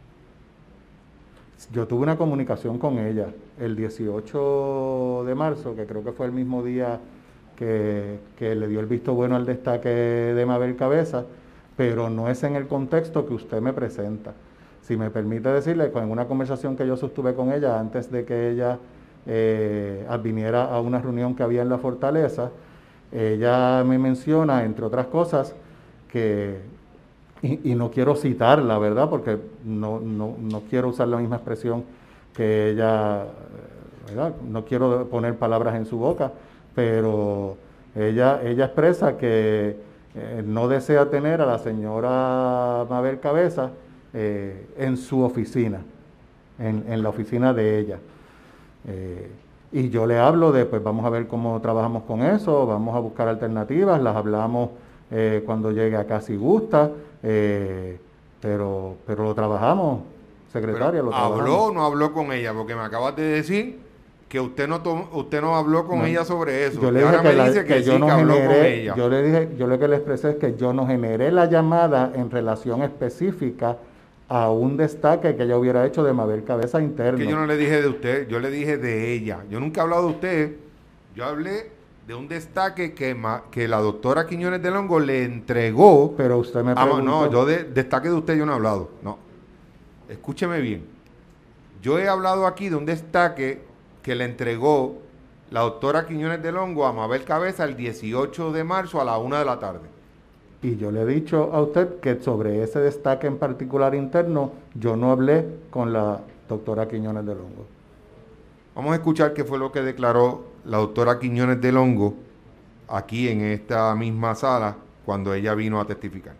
Yo tuve una comunicación con ella el dieciocho de marzo, que creo que fue el mismo día que, que le dio el visto bueno al destaque de Mabel Cabeza, pero no es en el contexto que usted me presenta. Si me permite decirle, en una conversación que yo sostuve con ella antes de que ella eh, viniera a una reunión que había en la Fortaleza, ella me menciona, entre otras cosas, que, y, y no quiero citarla, ¿verdad? Porque no, no, no quiero usar la misma expresión que ella, ¿verdad? No quiero poner palabras en su boca, pero ella, ella expresa que eh, no desea tener a la señora Mabel Cabeza Eh, en su oficina, en, en la oficina de ella. Eh, y yo le hablo de, pues vamos a ver cómo trabajamos con eso, vamos a buscar alternativas, las hablamos eh, cuando llegue acá si gusta, eh, pero, pero lo trabajamos, secretaria, lo trabajamos. ¿Habló o no habló con ella? Porque me acabas de decir que usted no tom, usted no habló con no, ella sobre eso. Yo le y dije ahora que, me la, dice que, que yo sí, no que habló generé, con ella. Yo le dije, yo lo que le expresé es que yo no generé la llamada en relación específica a un destaque que ella hubiera hecho de Mabel Cabeza interno. Que yo no le dije de usted, yo le dije de ella. Yo nunca he hablado de usted. Yo hablé de un destaque que, ma, que la doctora Quiñones del Hongo le entregó. Pero usted me preguntó. Ah, no, yo de destaque de usted yo no he hablado. No. Escúcheme bien. Yo he hablado aquí de un destaque que le entregó la doctora Quiñones del Hongo a Mabel Cabeza el dieciocho de marzo a la una de la tarde. Y yo le he dicho a usted que sobre ese destaque en particular interno, yo no hablé con la doctora Quiñones del Hongo. Vamos a escuchar qué fue lo que declaró la doctora Quiñones del Hongo aquí en esta misma sala cuando ella vino a testificar.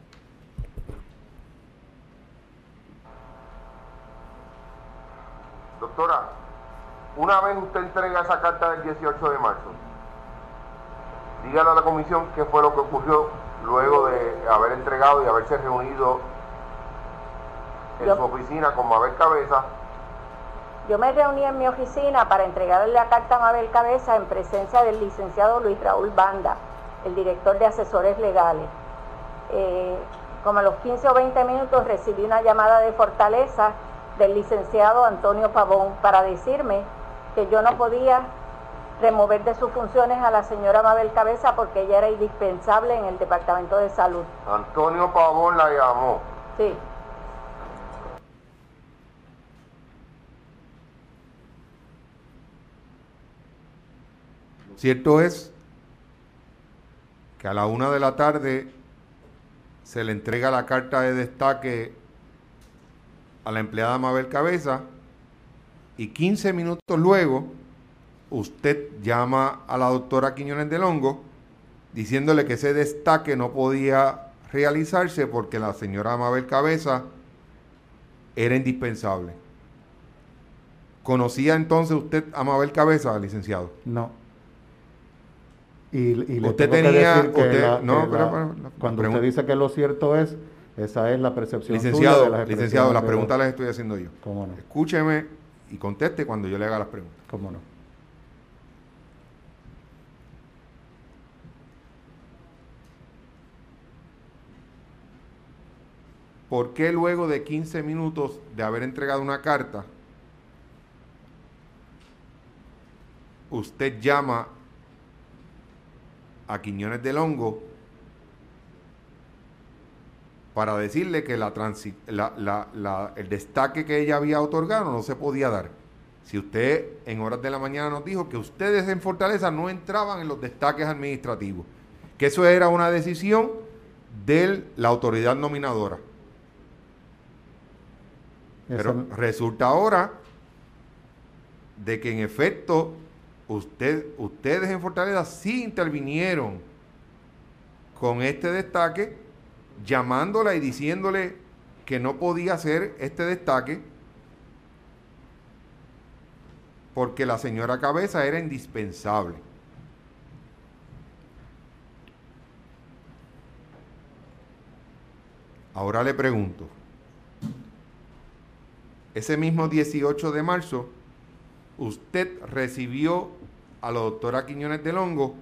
Doctora, una vez usted entrega esa carta del dieciocho de marzo, dígale a la comisión qué fue lo que ocurrió luego de haber entregado y haberse reunido en yo, su oficina con Mabel Cabeza. Yo me reuní en mi oficina para entregarle la carta a Mabel Cabeza en presencia del licenciado Luis Raúl Banda, el director de asesores legales. Eh, como a los quince o veinte minutos recibí una llamada de Fortaleza del licenciado Antonio Pavón para decirme que yo no podía remover de sus funciones a la señora Mabel Cabeza porque ella era indispensable en el Departamento de Salud. Antonio Pavón la llamó. Sí. Cierto es que a la una de la tarde se le entrega la carta de destaque a la empleada Mabel Cabeza y quince minutos luego usted llama a la doctora Quiñones del Hongo diciéndole que ese destaque no podía realizarse porque la señora Mabel Cabeza era indispensable. ¿Conocía entonces usted a Mabel Cabeza, licenciado? No. Y, y le usted tengo tenía, que decir que usted, la, no, que pero, la, pero, cuando pregunta. usted dice que lo cierto es, esa es la percepción licenciado, suya de las licenciado, las de preguntas los... las estoy haciendo yo. ¿Cómo no? Escúcheme y conteste cuando yo le haga las preguntas. ¿Cómo no? ¿Por qué luego de quince minutos de haber entregado una carta, usted llama a Quiñones del Hongo para decirle que la transi la, la, la, el destaque que ella había otorgado no se podía dar? Si usted en horas de la mañana nos dijo que ustedes en Fortaleza no entraban en los destaques administrativos, que eso era una decisión de la autoridad nominadora. Pero Eso... resulta ahora de que en efecto usted, ustedes en Fortaleza sí intervinieron con este destaque, llamándola y diciéndole que no podía hacer este destaque porque la señora Cabeza era indispensable. Ahora le pregunto, ese mismo dieciocho de marzo, usted recibió a la doctora Quiñones del Hongo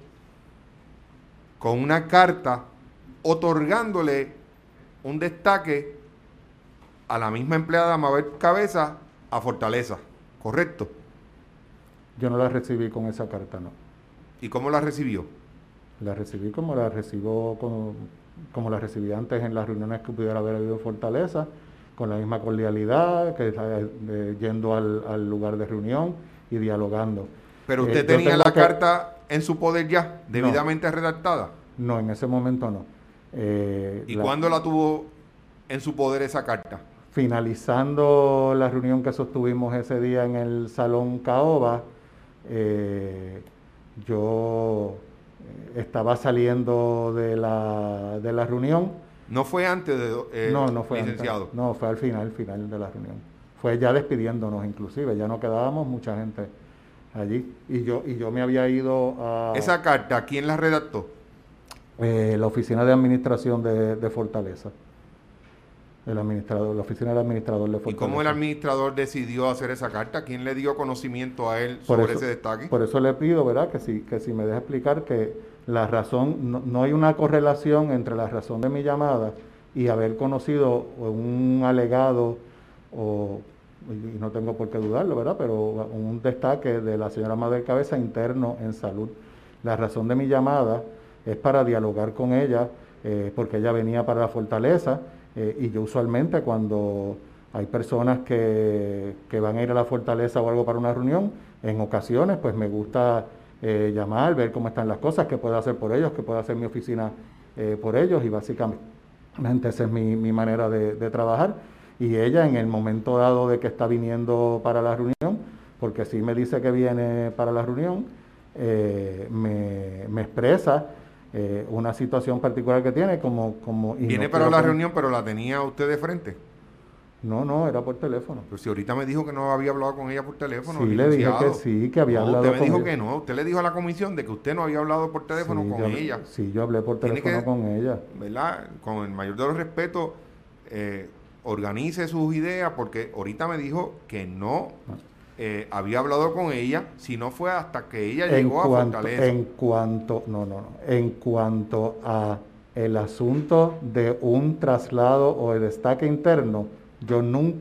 con una carta otorgándole un destaque a la misma empleada Mabel Cabeza a Fortaleza, ¿correcto? Yo no la recibí con esa carta, no. ¿Y cómo la recibió? La recibí como la recibo como, como la recibí antes en las reuniones que pudiera haber habido en Fortaleza, con la misma cordialidad, que eh, yendo al, al lugar de reunión y dialogando. ¿Pero usted eh, tenía la que... carta en su poder ya, debidamente no, redactada? No, en ese momento no. Eh, ¿Y la... cuándo la tuvo en su poder esa carta? Finalizando la reunión que sostuvimos ese día en el Salón Caoba, eh, yo estaba saliendo de la, de la reunión. ¿No fue antes de eh, no, no fue licenciado? Antes, no, fue al final, final de la reunión. Fue ya despidiéndonos inclusive, ya no quedábamos mucha gente allí. Y yo, y yo me había ido a... ¿Esa carta quién la redactó? Eh, la oficina de administración de, de Fortaleza. El administrador, la oficina del administrador de Fortaleza. ¿Y cómo el administrador decidió hacer esa carta? ¿Quién le dio conocimiento a él por sobre eso, ese destaque? Por eso le pido, ¿verdad?, que si, que si me deja explicar que la razón, no, no hay una correlación entre la razón de mi llamada y haber conocido un alegado, o, y no tengo por qué dudarlo, ¿verdad?, pero un destaque de la señora Mabel Cabeza interno en salud. La razón de mi llamada es para dialogar con ella, eh, porque ella venía para la Fortaleza, eh, y yo usualmente cuando hay personas que, que van a ir a la Fortaleza o algo para una reunión, en ocasiones pues me gusta eh, llamar, ver cómo están las cosas, qué puedo hacer por ellos, qué puedo hacer mi oficina eh, por ellos, y básicamente esa es mi, mi manera de, de trabajar. Y ella en el momento dado de que está viniendo para la reunión, porque sí me dice que viene para la reunión, eh, me, me expresa eh, una situación particular que tiene como... como Viene no para la que... reunión, pero la tenía usted de frente. No, no, era por teléfono. Pero si ahorita me dijo que no había hablado con ella por teléfono. Sí, le dije que sí, que había no, hablado con ella. Usted me dijo ella. que no. Usted le dijo a la comisión de que usted no había hablado por teléfono sí, con yo, ella. Sí, yo hablé por teléfono que, con ella. ¿Verdad? Con el mayor de los respetos, eh, organice sus ideas, porque ahorita me dijo que no eh, había hablado con ella, si no fue hasta que ella en llegó cuanto, a Fortaleza. En cuanto, no, no, no, en cuanto a el asunto de un traslado o el destaque interno, yo nunca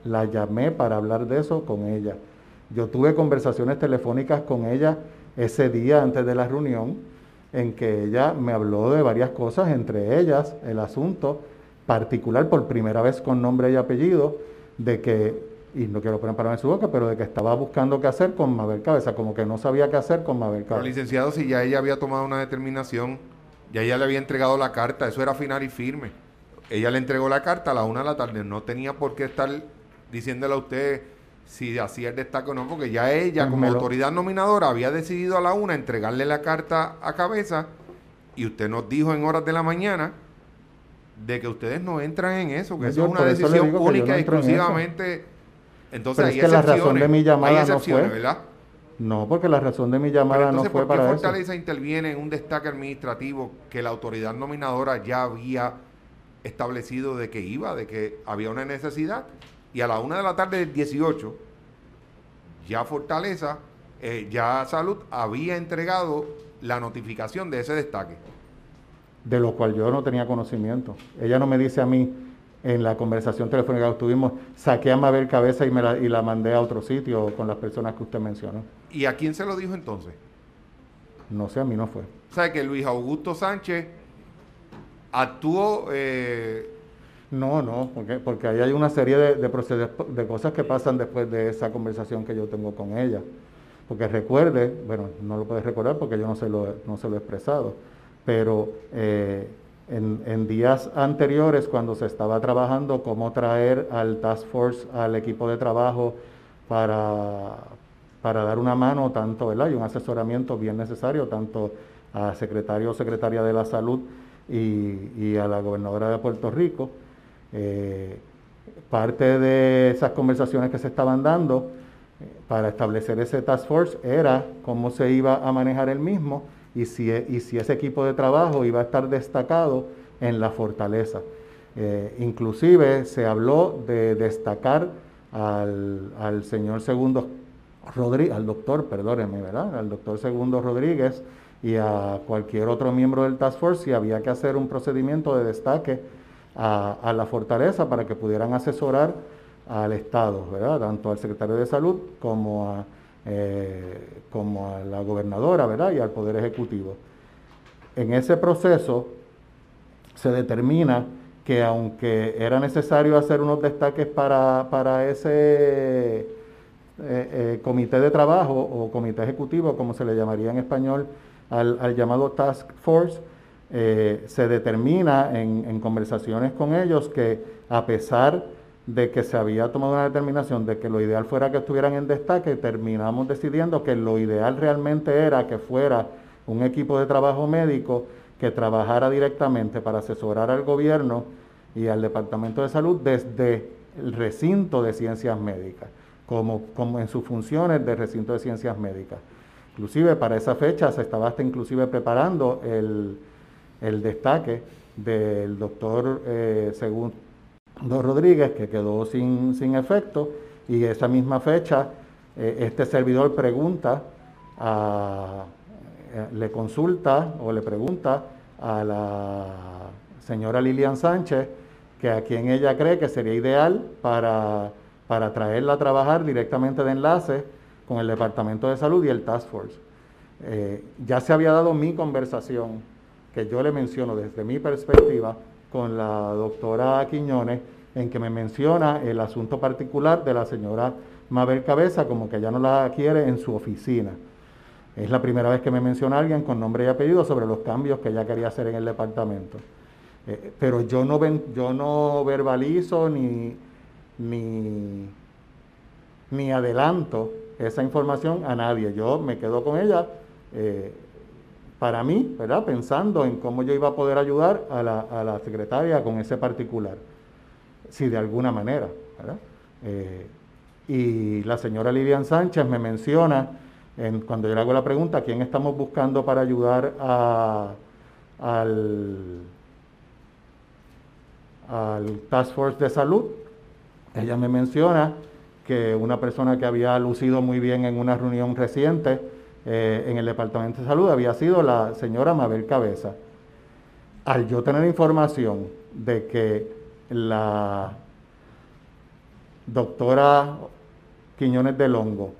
la llamé para hablar de eso con ella. Yo tuve conversaciones telefónicas con ella ese día antes de la reunión, en que ella me habló de varias cosas, entre ellas el asunto particular, por primera vez con nombre y apellido, de que, y no quiero poner palabras en su boca, pero de que estaba buscando qué hacer con Mabel Cabeza, como que no sabía qué hacer con Mabel Pero Cabeza. licenciado, si ya ella había tomado una determinación, ya ella le había entregado la carta, eso era final y firme. Ella le entregó la carta a la una de la tarde, no tenía por qué estar diciéndole a usted si hacía el destaque o no, porque ya ella Pues como me lo, autoridad nominadora había decidido a la una entregarle la carta a Cabeza y usted nos dijo en horas de la mañana de que ustedes no entran en eso, que no, eso es yo una por eso le decisión digo que yo única no y entro en eso. exclusivamente. Entonces Pero es hay que la razón de excepciones, mi hay llamada no excepciones, fue, ¿verdad? no, porque la razón de mi Pero llamada no entonces, fue ¿por qué para eso. Fortaleza interviene en un destaque administrativo que la autoridad nominadora ya había establecido de que iba, de que había una necesidad? Y a la una de la tarde del dieciocho, ya Fortaleza, eh, ya Salud había entregado la notificación de ese destaque. De lo cual yo no tenía conocimiento. Ella no me dice a mí, en la conversación telefónica que tuvimos, saqué a Mabel Cabeza y, me la, y la mandé a otro sitio con las personas que usted mencionó. ¿Y a quién se lo dijo entonces? No sé, a mí no fue. O sea, que Luis Augusto Sánchez actuó. Eh, No, no, porque, porque ahí hay una serie de, de, proceder, de cosas que pasan después de esa conversación que yo tengo con ella. Porque recuerde, bueno, no lo puedes recordar porque yo no se lo, no se lo he expresado, pero eh, en, en días anteriores, cuando se estaba trabajando cómo traer al Task Force, al equipo de trabajo, para, para dar una mano, tanto, ¿verdad? Y un asesoramiento bien necesario, tanto a secretario o secretaria de la Salud y, y a la gobernadora de Puerto Rico. Eh, parte de esas conversaciones que se estaban dando eh, para establecer ese task force era cómo se iba a manejar el mismo y si, y si ese equipo de trabajo iba a estar destacado en la fortaleza. Eh, inclusive se habló de destacar al, al señor Segundo Rodríguez, al doctor, perdónenme, ¿verdad? Al doctor Segundo Rodríguez y a cualquier otro miembro del task force si había que hacer un procedimiento de destaque A, a la fortaleza para que pudieran asesorar al Estado, ¿verdad? Tanto al secretario de Salud como a, eh, como a la gobernadora, ¿verdad? Y al Poder Ejecutivo. En ese proceso se determina que aunque era necesario hacer unos destaques para, para ese eh, eh, comité de trabajo o comité ejecutivo, como se le llamaría en español, al, al llamado Task Force, Eh, se determina en, en conversaciones con ellos que a pesar de que se había tomado una determinación de que lo ideal fuera que estuvieran en destaque, terminamos decidiendo que lo ideal realmente era que fuera un equipo de trabajo médico que trabajara directamente para asesorar al gobierno y al Departamento de Salud desde el recinto de ciencias médicas, como, como en sus funciones de recinto de ciencias médicas. Inclusive para esa fecha se estaba hasta inclusive preparando el el destaque del doctor eh, Segundo Rodríguez, que quedó sin, sin efecto, y esa misma fecha eh, este servidor pregunta, a, eh, le consulta o le pregunta a la señora Lilian Sánchez que a quien ella cree que sería ideal para, para traerla a trabajar directamente de enlace con el Departamento de Salud y el Task Force. Eh, ya se había dado mi conversación que yo le menciono desde mi perspectiva con la doctora Quiñones, en que me menciona el asunto particular de la señora Mabel Cabeza, como que ya no la quiere en su oficina. Es la primera vez que me menciona alguien con nombre y apellido sobre los cambios que ella quería hacer en el departamento. Eh, pero yo no, ven, yo no verbalizo ni, ni, ni adelanto esa información a nadie. Yo me quedo con ella eh, para mí, ¿verdad? Pensando en cómo yo iba a poder ayudar a la, a la secretaria con ese particular, si de alguna manera, ¿verdad? Eh, y la señora Lilian Sánchez me menciona, en, cuando yo le hago la pregunta, ¿quién estamos buscando para ayudar a, al, al Task Force de Salud? Ella me menciona que una persona que había lucido muy bien en una reunión reciente Eh, en el Departamento de Salud había sido la señora Mabel Cabeza. Al yo tener información de que la, doctora Quiñones del Hongo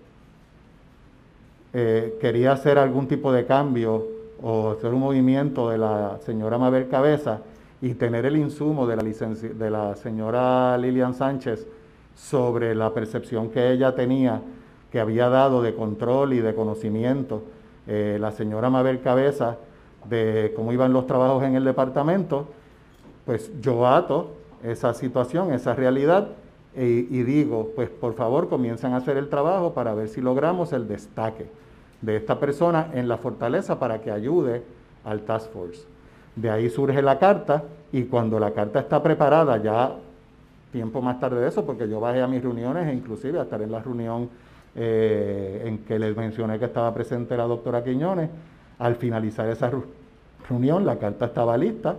eh, quería hacer algún tipo de cambio o hacer un movimiento de la señora Mabel Cabeza y tener el insumo de la, licenci- de la señora Lilian Sánchez sobre la percepción que ella tenía, que había dado de control y de conocimiento eh, la señora Mabel Cabeza de cómo iban los trabajos en el departamento, pues yo ato esa situación, esa realidad, y, y digo, pues por favor comiencen a hacer el trabajo para ver si logramos el destaque de esta persona en la fortaleza para que ayude al Task Force. De ahí surge la carta, y cuando la carta está preparada, ya tiempo más tarde de eso, porque yo bajé a mis reuniones e inclusive a estar en la reunión eh, en que les mencioné que estaba presente la doctora Quiñones, al finalizar esa reunión la carta estaba lista,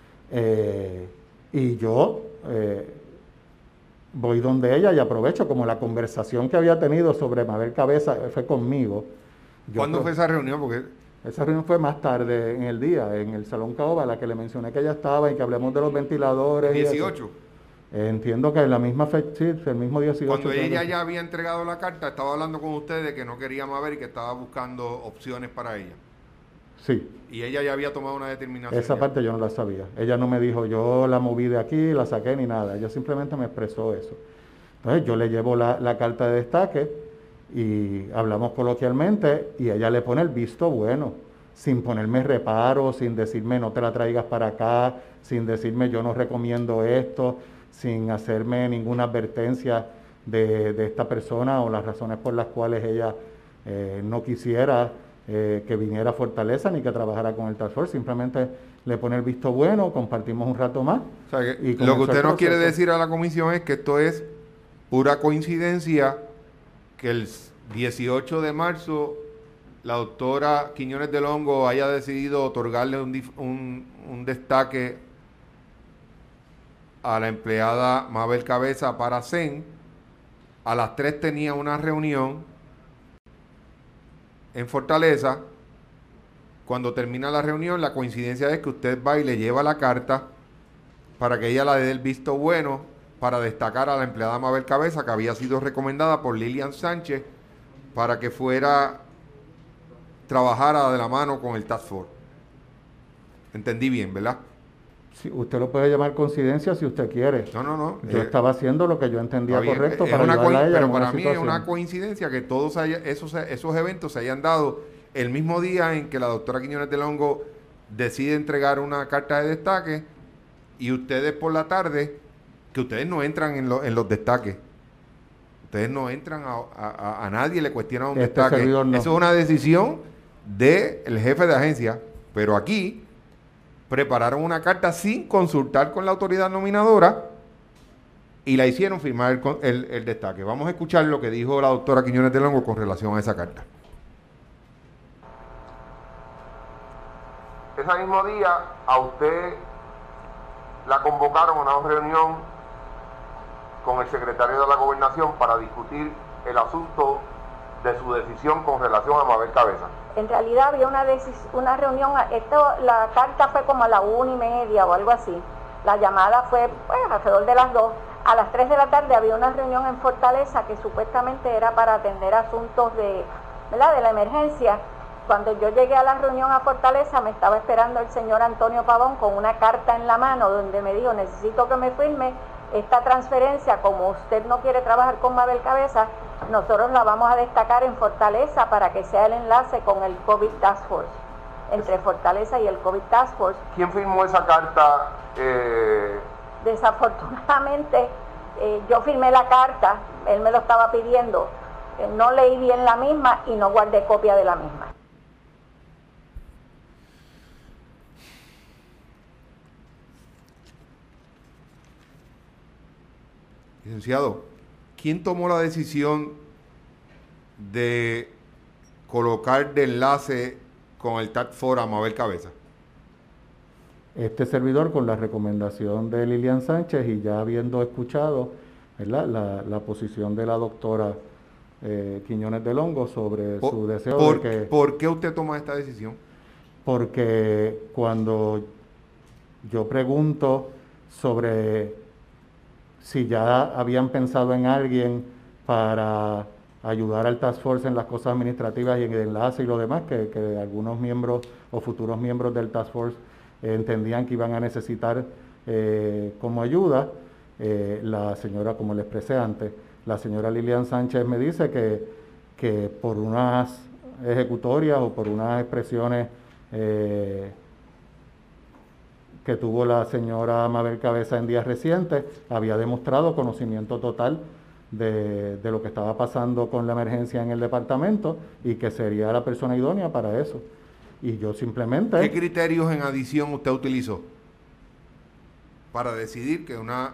eh, y yo eh, voy donde ella y aprovecho, como la conversación que había tenido sobre Mabel Cabeza fue conmigo. ¿Cuándo fue esa reunión? Porque esa reunión fue más tarde en el día, en el Salón Caoba, la que le mencioné que ella estaba y que hablemos de los ventiladores. dieciocho. Eh, entiendo que en la misma fecha, sí, el mismo dieciocho. Cuando ella ya había entregado la carta, estaba hablando con ustedes de que no quería Mabel y que estaba buscando opciones para ella. Sí. Y ella ya había tomado una determinación. Esa ya. parte yo no la sabía. Ella no me dijo, yo la moví de aquí, la saqué ni nada. Ella simplemente me expresó eso. Entonces yo le llevo la, la carta de destaque y hablamos coloquialmente y ella le pone el visto bueno, sin ponerme reparo, sin decirme no te la traigas para acá, sin decirme yo no recomiendo esto, sin hacerme ninguna advertencia de, de esta persona o las razones por las cuales ella eh, no quisiera eh, que viniera a Fortaleza ni que trabajara con el Task Force. Simplemente le pone el visto bueno, compartimos un rato más. O sea, que y lo que usted nos proceso. quiere decir a la comisión es que esto es pura coincidencia que el dieciocho de marzo la doctora Quiñones del Hongo haya decidido otorgarle un, un, un destaque a la empleada Mabel Cabeza para C E N. A las tres tenía una reunión en Fortaleza. Cuando termina la reunión, la coincidencia es que usted va y le lleva la carta para que ella la dé el visto bueno para destacar a la empleada Mabel Cabeza, que había sido recomendada por Lilian Sánchez para que fuera trabajara de la mano con el Task Force. Entendí bien, ¿verdad? Sí, usted lo puede llamar coincidencia si usted quiere. No, no, no. Yo eh, estaba haciendo lo que yo entendía bien, correcto es para una ayudarla a ella pero en para una mí situación. es una coincidencia que todos haya, esos, esos eventos se hayan dado el mismo día en que la doctora Quiñones del Hongo decide entregar una carta de destaque y ustedes por la tarde, que ustedes no entran en, lo, en los destaques. Ustedes no entran a, a, a nadie, le cuestionan un Este destaque. servidor no. Eso es una decisión del jefe de agencia, pero aquí prepararon una carta sin consultar con la autoridad nominadora y la hicieron firmar el, el, el destaque. Vamos a escuchar lo que dijo la doctora Quiñones del Hongo con relación a esa carta. Ese mismo día a usted la convocaron a una reunión con el secretario de la Gobernación para discutir el asunto de su decisión con relación a Mabel Cabeza. En realidad había una, una reunión, esto, la carta fue como a la una y media o algo así. La llamada fue pues, alrededor de las dos. A las tres de la tarde había una reunión en Fortaleza que supuestamente era para atender asuntos de, ¿verdad? de la emergencia. Cuando yo llegué a la reunión a Fortaleza me estaba esperando el señor Antonio Pavón con una carta en la mano donde me dijo, necesito que me firme esta transferencia, como usted no quiere trabajar con Mabel Cabeza, nosotros la vamos a destacar en Fortaleza para que sea el enlace con el COVID Task Force, entre Fortaleza y el COVID Task Force. ¿Quién firmó esa carta? Eh... Desafortunadamente, eh, yo firmé la carta, él me lo estaba pidiendo, eh, no leí bien la misma y no guardé copia de la misma. Licenciado, ¿quién tomó la decisión de colocar de enlace con el Task Force a Mabel Cabeza? Este servidor, con la recomendación de Lilian Sánchez y ya habiendo escuchado, ¿verdad?, la, la posición de la doctora eh, Quiñones del Hongo sobre Por, su deseo por, de que... ¿Por qué usted toma esta decisión? Porque cuando yo pregunto sobre si ya habían pensado en alguien para ayudar al Task Force en las cosas administrativas y en el enlace y lo demás, que, que algunos miembros o futuros miembros del Task Force eh, entendían que iban a necesitar eh, como ayuda. Eh, la señora, como le expresé antes, la señora Lilian Sánchez me dice que, que por unas ejecutorias o por unas expresiones eh, que tuvo la señora Mabel Cabeza en días recientes, había demostrado conocimiento total de, de lo que estaba pasando con la emergencia en el departamento y que sería la persona idónea para eso. Y yo ¿Qué simplemente, criterios en adición usted utilizó para decidir que una,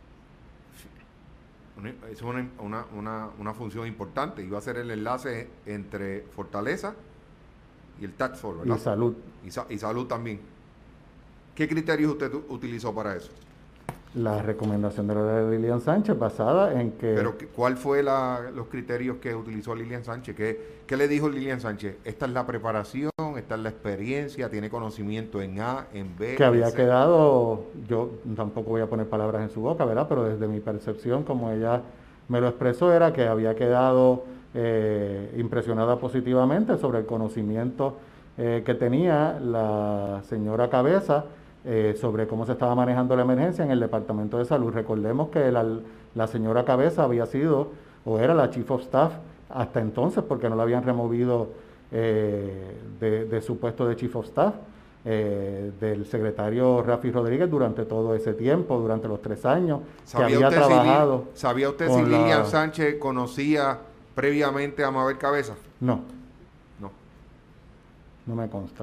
una es una, una, una, una función importante, iba a ser el enlace entre Fortaleza y el Task Force, y ¿verdad? salud, Y, sa- y salud también. ¿Qué criterios usted tu- utilizó para eso? la recomendación de la Lilian Sánchez basada en que Pero, ¿qué- ¿cuál fue la, los criterios que utilizó Lilian Sánchez? ¿Qué, ¿Qué le dijo Lilian Sánchez? Esta es la preparación, esta es la experiencia, tiene conocimiento en A, en que B, en había C. quedado, yo tampoco voy a poner palabras en su boca, ¿verdad? Pero desde mi percepción, como ella me lo expresó, era que había quedado eh, impresionada positivamente sobre el conocimiento eh, que tenía la señora Cabeza eh, sobre cómo se estaba manejando la emergencia en el Departamento de Salud. Recordemos que la, la señora Cabeza había sido o era la Chief of Staff hasta entonces, porque no la habían removido eh, de, de su puesto de Chief of Staff eh, del secretario Rafi Rodríguez durante todo ese tiempo, durante los tres años, que ¿Sabía había usted si, Lil- trabajado ¿Sabía usted si con Lilian la... Sánchez conocía previamente a Mabel Cabeza? No, No. no me consta.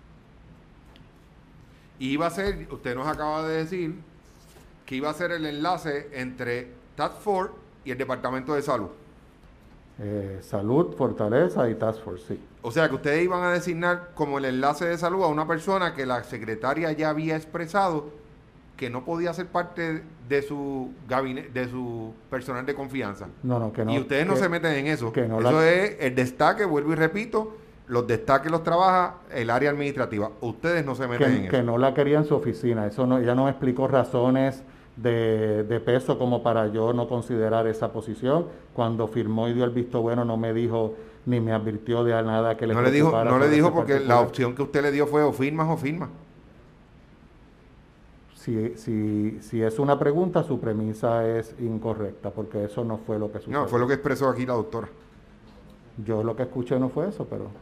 Y iba a ser, usted nos acaba de decir, que iba a ser el enlace entre Task Force y el Departamento de Salud. Eh, Salud, Fortaleza y Task Force, sí. O sea que ustedes iban a designar como el enlace de salud a una persona que la secretaria ya había expresado que no podía ser parte de su gabinete, de su personal de confianza. No, no, que Y no, ustedes no que, se meten en eso. que no Eso la... es el destaque, vuelvo y repito, los destaques los trabaja el área administrativa. Ustedes no se meten en que, que eso. no la quería en su oficina. Eso no, ella no me explicó razones de, de peso como para yo no considerar esa posición. Cuando firmó y dio el visto bueno no me dijo ni me advirtió de nada que le No le dijo, preocupara no le sobre dijo ese porque la particular. opción que usted le dio fue o firmas o firmas. Si, si, si es una pregunta, su premisa es incorrecta, porque eso no fue lo que sucedió. No, fue lo que expresó aquí la doctora. Yo lo que escuché no fue eso, pero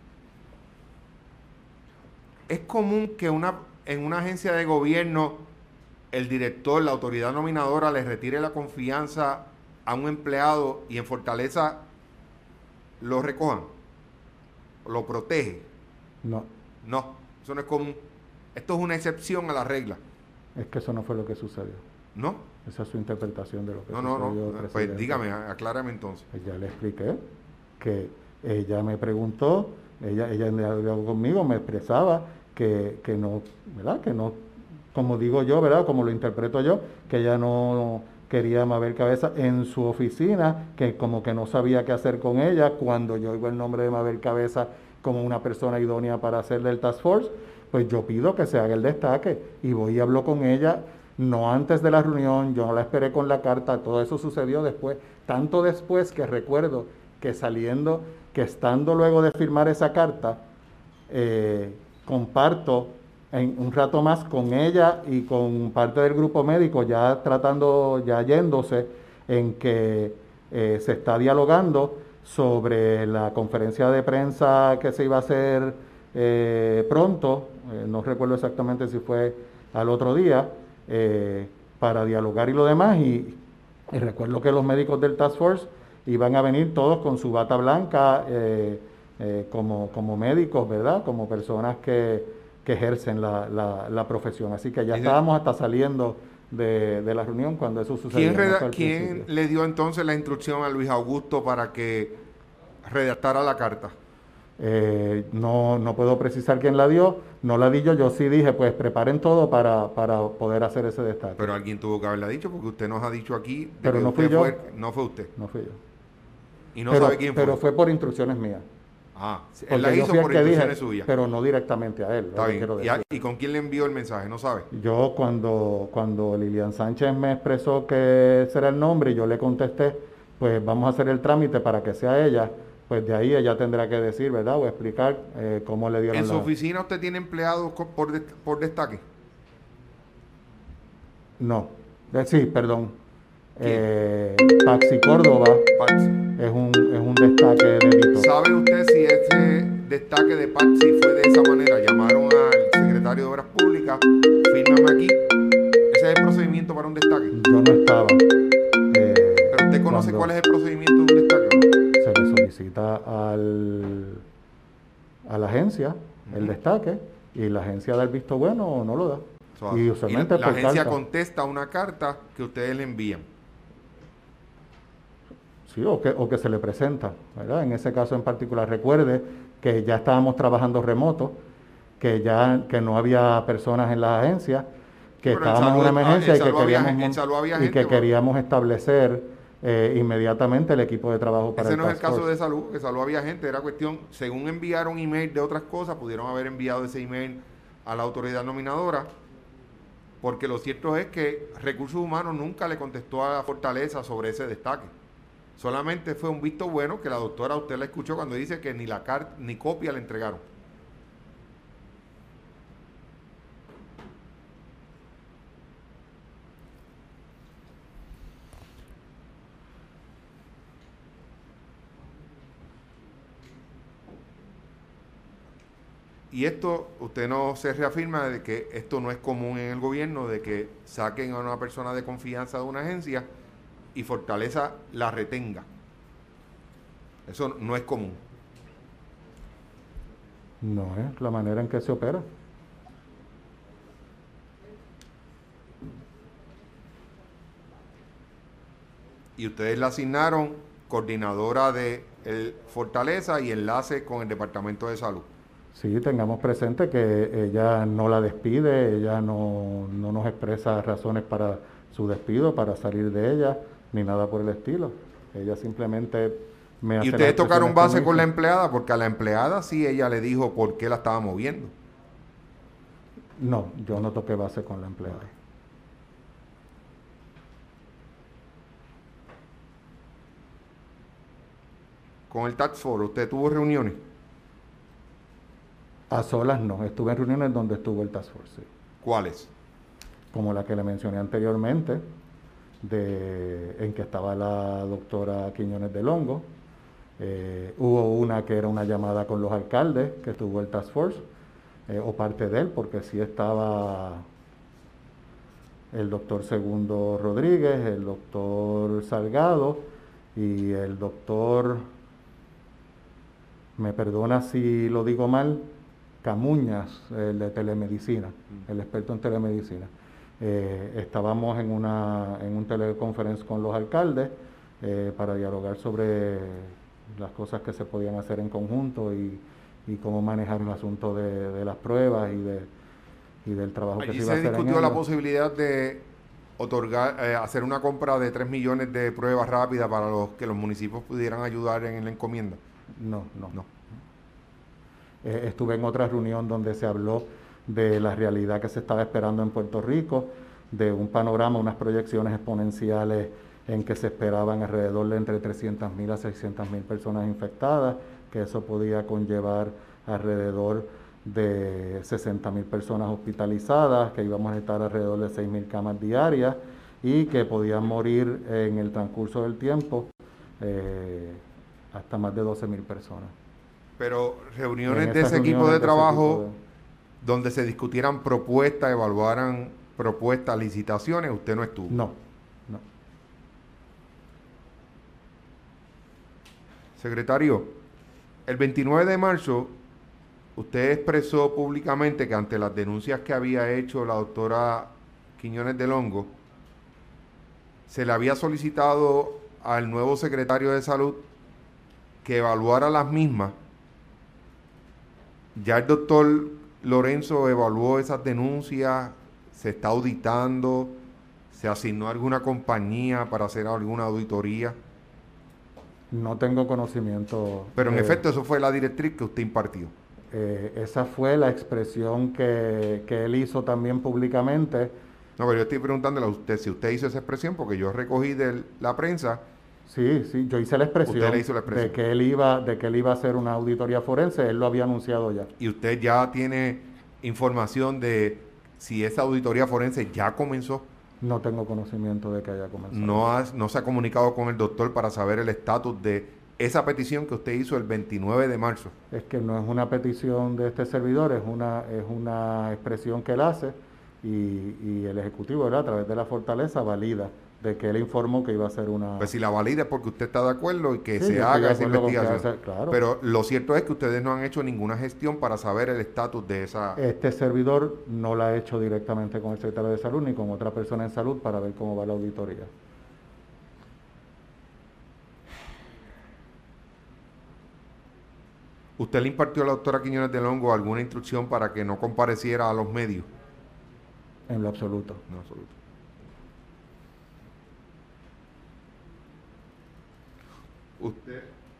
Es común que una, en una agencia de gobierno el director, la autoridad nominadora le retire la confianza a un empleado y en Fortaleza lo recojan, lo protege. no, No, eso no es común. Esto es una excepción a la regla. es que eso no fue lo que sucedió. ¿No? Esa es su interpretación de lo que No, no, no. sucedió, Pues presidente. dígame, aclárame entonces. Pues ya le expliqué que ella me preguntó, ella, ella en diálogo conmigo me expresaba que, que no, ¿verdad? Que no, como digo yo, ¿verdad? Como lo interpreto yo, que ella no quería a Mabel Cabeza en su oficina, que como que no sabía qué hacer con ella, cuando yo oigo el nombre de Mabel Cabeza como una persona idónea para hacerle el Task Force, pues yo pido que se haga el destaque y voy y hablo con ella, no antes de la reunión, yo no la esperé con la carta, todo eso sucedió después, tanto después que recuerdo que saliendo, que estando luego de firmar esa carta, eh, comparto en un rato más con ella y con parte del grupo médico, ya tratando, ya yéndose, en que eh, se está dialogando sobre la conferencia de prensa que se iba a hacer eh, pronto, eh, no recuerdo exactamente si fue al otro día, eh, para dialogar y lo demás, y, y recuerdo que los médicos del Task Force iban a venir todos con su bata blanca, eh, eh, como, como médicos, ¿verdad? Como personas que, que ejercen la, la, la profesión. Así que ya Y de- estábamos hasta saliendo de, de la reunión cuando eso sucedió, ¿Quién, no reda- fue al quién principio. le dio entonces la instrucción a Luis Augusto para que redactara la carta? Eh, no, no puedo precisar quién la dio, no la di yo, yo sí dije, pues preparen todo para, para poder hacer ese destaque. Pero alguien tuvo que haberla dicho porque usted nos ha dicho aquí de Pero que no fui usted yo, fue, no fue usted. no fui yo. Y no Pero, sabe quién pero fue. fue por instrucciones mías. Ah, él Porque la yo hizo fui el por que instrucciones dije, suyas. pero no directamente a él, lo Está que bien. quiero ¿Y, a- decir. y con quién le envió el mensaje? ¿No sabe? Yo cuando, cuando Lilian Sánchez me expresó que ese era el nombre y yo le contesté, pues vamos a hacer el trámite para que sea ella, pues de ahí ella tendrá que decir, ¿verdad? O explicar eh, cómo le ¿En dieron su la... oficina usted tiene empleados co- por, dest- por destaque? No, Eh, sí, perdón. ¿Quién? Eh, Paxi Córdoba Patsy. es un, es un destaque de Dito. ¿Sabe usted si ese destaque de Patsy fue de esa manera? Llamaron al secretario de Obras Públicas, fírmame aquí. Ese es el procedimiento para un destaque. Yo no estaba eh, Pero usted conoce cuál cuando es el procedimiento de un destaque, ¿o no? se le solicita al, a la agencia el Ujú. destaque y la agencia da el visto bueno o no lo da. Eso Y hace. Y la, usualmente la por agencia carta. contesta una carta que ustedes le envían. Sí, o que, o que se le presenta, ¿verdad? En ese caso en particular, recuerde que ya estábamos trabajando remoto, que ya que no había personas en las agencias, Sí, que pero en estábamos en una salud, ah, en emergencia y que salud había, queríamos en mon- salud había y gente. que Bueno, queríamos establecer eh, inmediatamente el equipo de trabajo para ese el no es el Task caso Force. de salud, que salud había gente, era cuestión, según enviaron email de otras cosas, pudieron haber enviado ese email a la autoridad nominadora, porque lo cierto es que Recursos Humanos nunca le contestó a la Fortaleza sobre ese destaque. Solamente fue un visto bueno que la doctora, usted la escuchó cuando dice que ni la carta ni copia le entregaron. Y esto, usted no se reafirma de que esto no es común en el gobierno, de que saquen a una persona de confianza de una agencia y Fortaleza la retenga. Eso no es común. No es la manera en que se opera. Y ustedes la asignaron coordinadora de el Fortaleza y enlace con el Departamento de Salud. Sí, tengamos presente que ella no la despide, ella no, no nos expresa razones para su despido, para salir de ella, ni nada por el estilo. Ella simplemente me Y hace las ustedes tocaron expresiones que base me con la hizo. empleada, porque a la empleada sí ella le dijo por qué la estaba moviendo. No, yo no toqué base con la empleada. Con el Task Force, ¿usted tuvo reuniones? A solas no, estuve en reuniones donde estuvo el Task Force, sí. ¿Cuáles? Como la que le mencioné anteriormente, de, en que estaba la doctora Quiñones del Hongo. Eh, hubo una que era una llamada con los alcaldes, que tuvo el Task Force, eh, o parte de él, porque sí estaba el doctor Segundo Rodríguez, el doctor Salgado y el doctor, me perdona si lo digo mal, Camuñas, el de telemedicina, el experto en telemedicina. Eh, estábamos en, una, en un teleconferencia con los alcaldes eh, para dialogar sobre las cosas que se podían hacer en conjunto y, y cómo manejar el asunto de, de las pruebas y, de, y del trabajo Allí que se iba a se hacer en discutió la ello. posibilidad de otorgar, eh, hacer una compra de tres millones de pruebas rápidas para los que los municipios pudieran ayudar en la encomienda. No, no. No. Eh, estuve en otra reunión donde se habló de la realidad que se estaba esperando en Puerto Rico, de un panorama, unas proyecciones exponenciales en que se esperaban alrededor de entre trescientas mil a seiscientas mil personas infectadas, que eso podía conllevar alrededor de sesenta mil personas hospitalizadas, que íbamos a estar alrededor de seis mil camas diarias y que podían morir en el transcurso del tiempo eh, hasta más de doce mil personas. Pero reuniones En de esas ese equipo reuniones de de ese trabajo tipo de- donde se discutieran propuestas, evaluaran propuestas, licitaciones, usted no estuvo. No, no. Secretario, el veintinueve de marzo usted expresó públicamente que ante las denuncias que había hecho la doctora Quiñones del Hongo, se le había solicitado al nuevo secretario de Salud que evaluara las mismas. Ya el doctor Lorenzo evaluó esas denuncias, se está auditando, se asignó a alguna compañía para hacer alguna auditoría. No tengo conocimiento. Pero en Eh, efecto, eso fue la directriz que usted impartió. eh, esa fue la expresión que, que él hizo también públicamente. No, pero yo estoy preguntándole a usted si usted hizo esa expresión, porque yo recogí de la prensa, Sí, sí, yo hice la usted le expresión hizo la de expresión. que él iba, de que él iba a hacer una auditoría forense, él lo había anunciado ya. Y usted ya tiene información de si esa auditoría forense ya comenzó. No tengo conocimiento de que haya comenzado. No, has- no se ha comunicado con el doctor para saber el estatus de esa petición que usted hizo el veintinueve de marzo. Es que no es una petición de este servidor, es una, es una expresión que él hace y, y el Ejecutivo, ¿verdad?, a través de la Fortaleza, valida de que él informó que iba a hacer una... Pues si la valida es porque usted está de acuerdo y que Sí, se yo estoy de haga esa acuerdo con que investigación. hace, claro. Pero lo cierto es que ustedes no han hecho ninguna gestión para saber el estatus de esa... Este servidor no la ha hecho directamente con el secretario de Salud ni con otra persona en salud para ver cómo va la auditoría. ¿Usted le impartió a la doctora Quiñones del Hongo alguna instrucción para que no compareciera a los medios? En lo absoluto. No, absoluto. Usted...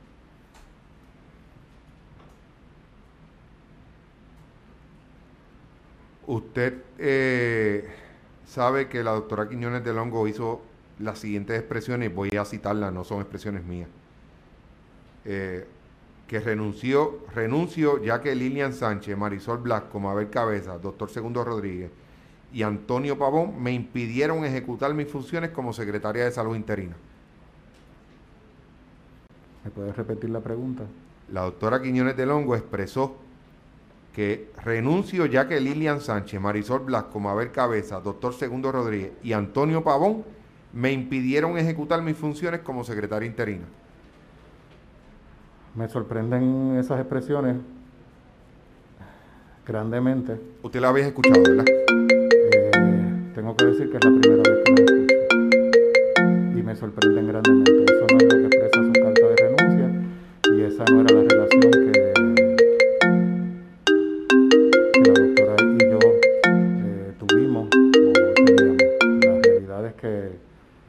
Usted eh, sabe que la doctora Quiñones del Hongo hizo las siguientes expresiones, voy a citarlas, no son expresiones mías. Eh, que renunció, renunció ya que Lilian Sánchez, Marisol Blasco, Mabel Cabeza, doctor Segundo Rodríguez y Antonio Pavón me impidieron ejecutar mis funciones como secretaria de salud interina. ¿Me puedes repetir la pregunta? La doctora Quiñones del Hongo expresó que renuncio ya que Lilian Sánchez, Marisol Blasco, Mabel Cabeza, doctor Segundo Rodríguez y Antonio Pavón me impidieron ejecutar mis funciones como secretaria interina. Me sorprenden esas expresiones grandemente. Usted la había escuchado, ¿verdad? Eh, tengo que decir que es la primera vez que lo escucho y me sorprenden grandemente. Eso no es lo que expresa su carta de renuncia y esa no era la relación que, que la doctora y yo eh, tuvimos o teníamos. La realidad es que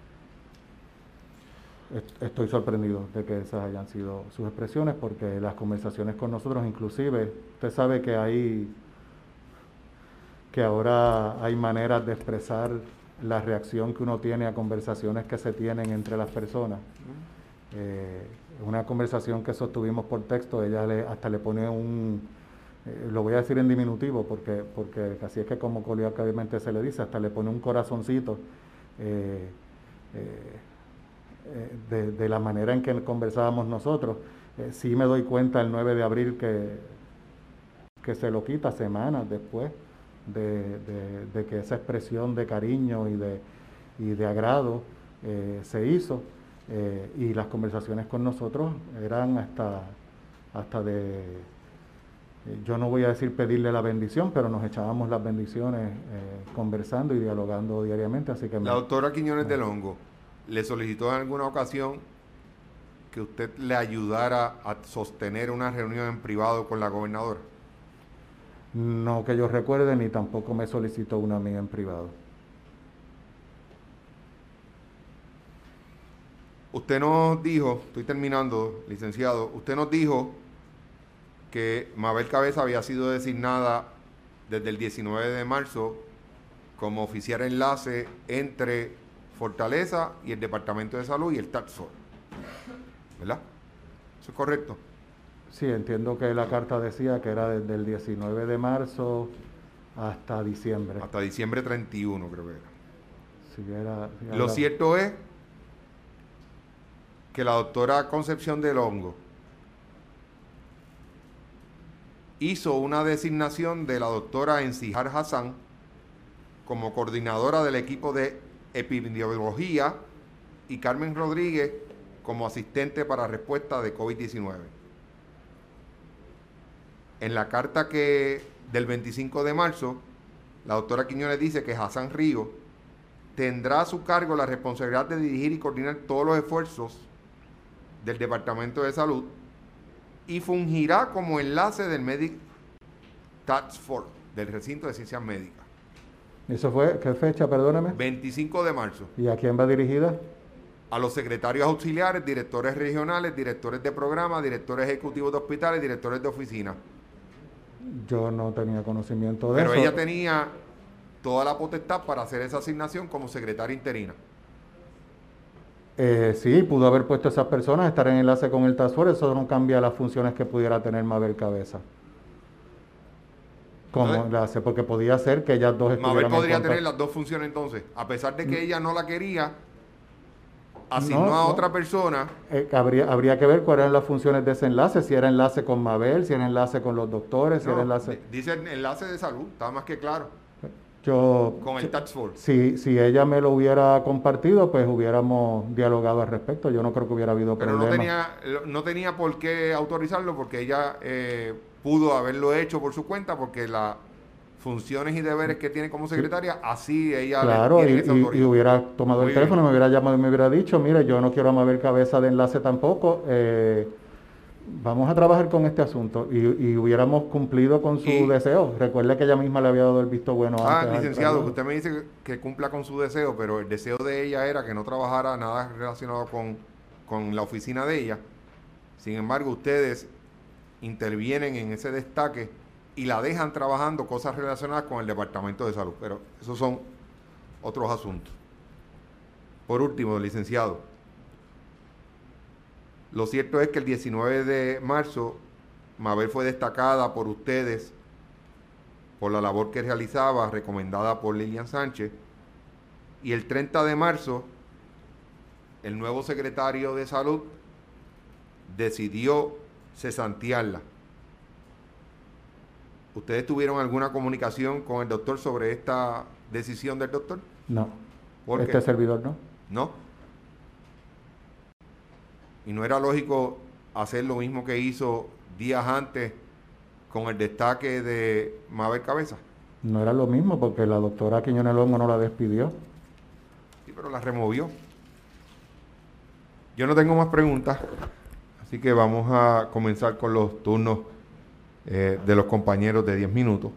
estoy sorprendido de que esas hayan sido sus expresiones porque las conversaciones con nosotros, inclusive, usted sabe que hay que ahora hay maneras de expresar la reacción que uno tiene a conversaciones que se tienen entre las personas. Eh, una conversación que sostuvimos por texto, ella le, hasta le pone un, eh, lo voy a decir en diminutivo porque, porque así es que como coloquialmente se le dice, hasta le pone un corazoncito eh, eh, de, de la manera en que conversábamos nosotros. Eh, sí me doy cuenta el nueve de abril que, que se lo quita semanas después de, de, de que esa expresión de cariño y de, y de agrado eh, se hizo eh, y las conversaciones con nosotros eran hasta, hasta de, eh, yo no voy a decir pedirle la bendición, pero nos echábamos las bendiciones eh, conversando y dialogando diariamente, así que me, La doctora Quiñones me, del Hongo le solicitó en alguna ocasión que usted le ayudara a sostener una reunión en privado con la gobernadora. no que yo recuerde, ni tampoco me solicitó una amiga en privado. Usted nos dijo, estoy terminando, licenciado, usted nos dijo que Mabel Cabeza había sido designada desde el diecinueve de marzo como oficial enlace entre Fortaleza y el Departamento de Salud y el Task Force, ¿verdad? ¿Eso es correcto? Sí, entiendo que la carta decía que era desde el diecinueve de marzo hasta diciembre. Hasta diciembre treinta y uno, creo que era. Sí, era, sí, Lo habla... cierto es que la doctora Concepción del Hongo hizo una designación de la doctora Encijar Hassan como coordinadora del equipo de epidemiología y Carmen Rodríguez como asistente para respuesta de COVID diecinueve. En la carta que del veinticinco de marzo, la doctora Quiñones dice que Hassan Río tendrá a su cargo la responsabilidad de dirigir y coordinar todos los esfuerzos del Departamento de Salud y fungirá como enlace del Medic Task Force, del recinto de ciencias médicas. ¿Eso fue qué fecha, perdóname? veinticinco de marzo. ¿Y a quién va dirigida? a los secretarios auxiliares, directores regionales, directores de programa, directores ejecutivos de hospitales, directores de oficina. Yo no tenía conocimiento de Pero eso. ella tenía toda la potestad para hacer esa asignación como secretaria interina. Eh, sí, pudo haber puesto a esas personas, estar en enlace con el Task Force, eso no cambia las funciones que pudiera tener Mabel Cabeza. Como Entonces, enlace, porque podía ser que ellas dos Mabel estuvieran en podría tener contacto. las dos funciones entonces. A pesar de que ella no la quería, asignó No, a no. otra persona. Eh, habría, habría que ver cuáles eran las funciones de ese enlace, si era enlace con Mabel, si era enlace con los doctores, si era No, enlace... dice el enlace de salud, está más que claro. Yo, Con el Task Force. si, si ella me lo hubiera compartido, pues hubiéramos dialogado al respecto. Yo no creo que hubiera habido Pero no problema. tenía, no tenía por qué autorizarlo porque ella eh, pudo haberlo hecho por su cuenta porque las funciones y deberes que tiene como Sí, secretaria, así ella le claro, y, tiene esa y- y autoridad. hubiera tomado el Muy bien. teléfono, me hubiera llamado y me hubiera dicho, mire, yo no quiero a Mabel Cabeza de enlace tampoco, eh, vamos a trabajar con este asunto. Y, y hubiéramos cumplido con su Y, deseo. Recuerde que ella misma le había dado el visto bueno ah, antes al licenciado, que traslado. usted me dice que, que cumpla con su deseo, pero el deseo de ella era que no trabajara nada relacionado con, con la oficina de ella. Sin embargo, ustedes intervienen en ese destaque y la dejan trabajando cosas relacionadas con el Departamento de Salud. Pero esos son otros asuntos. Por último, licenciado, lo cierto es que el diecinueve de marzo Mabel fue destacada por ustedes por la labor que realizaba, recomendada por Lilian Sánchez, y el treinta de marzo el nuevo secretario de Salud decidió cesantearla. ¿Ustedes tuvieron alguna comunicación con el doctor sobre esta decisión del doctor? No, ¿Por este qué? servidor no. ¿No? ¿Y no era lógico hacer lo mismo que hizo días antes con el destaque de Mabel Cabeza? No era lo mismo porque la doctora Quiñones Longo no la despidió. Sí, pero la removió. Yo no tengo más preguntas, así que vamos a comenzar con los turnos eh, de los compañeros de diez minutos.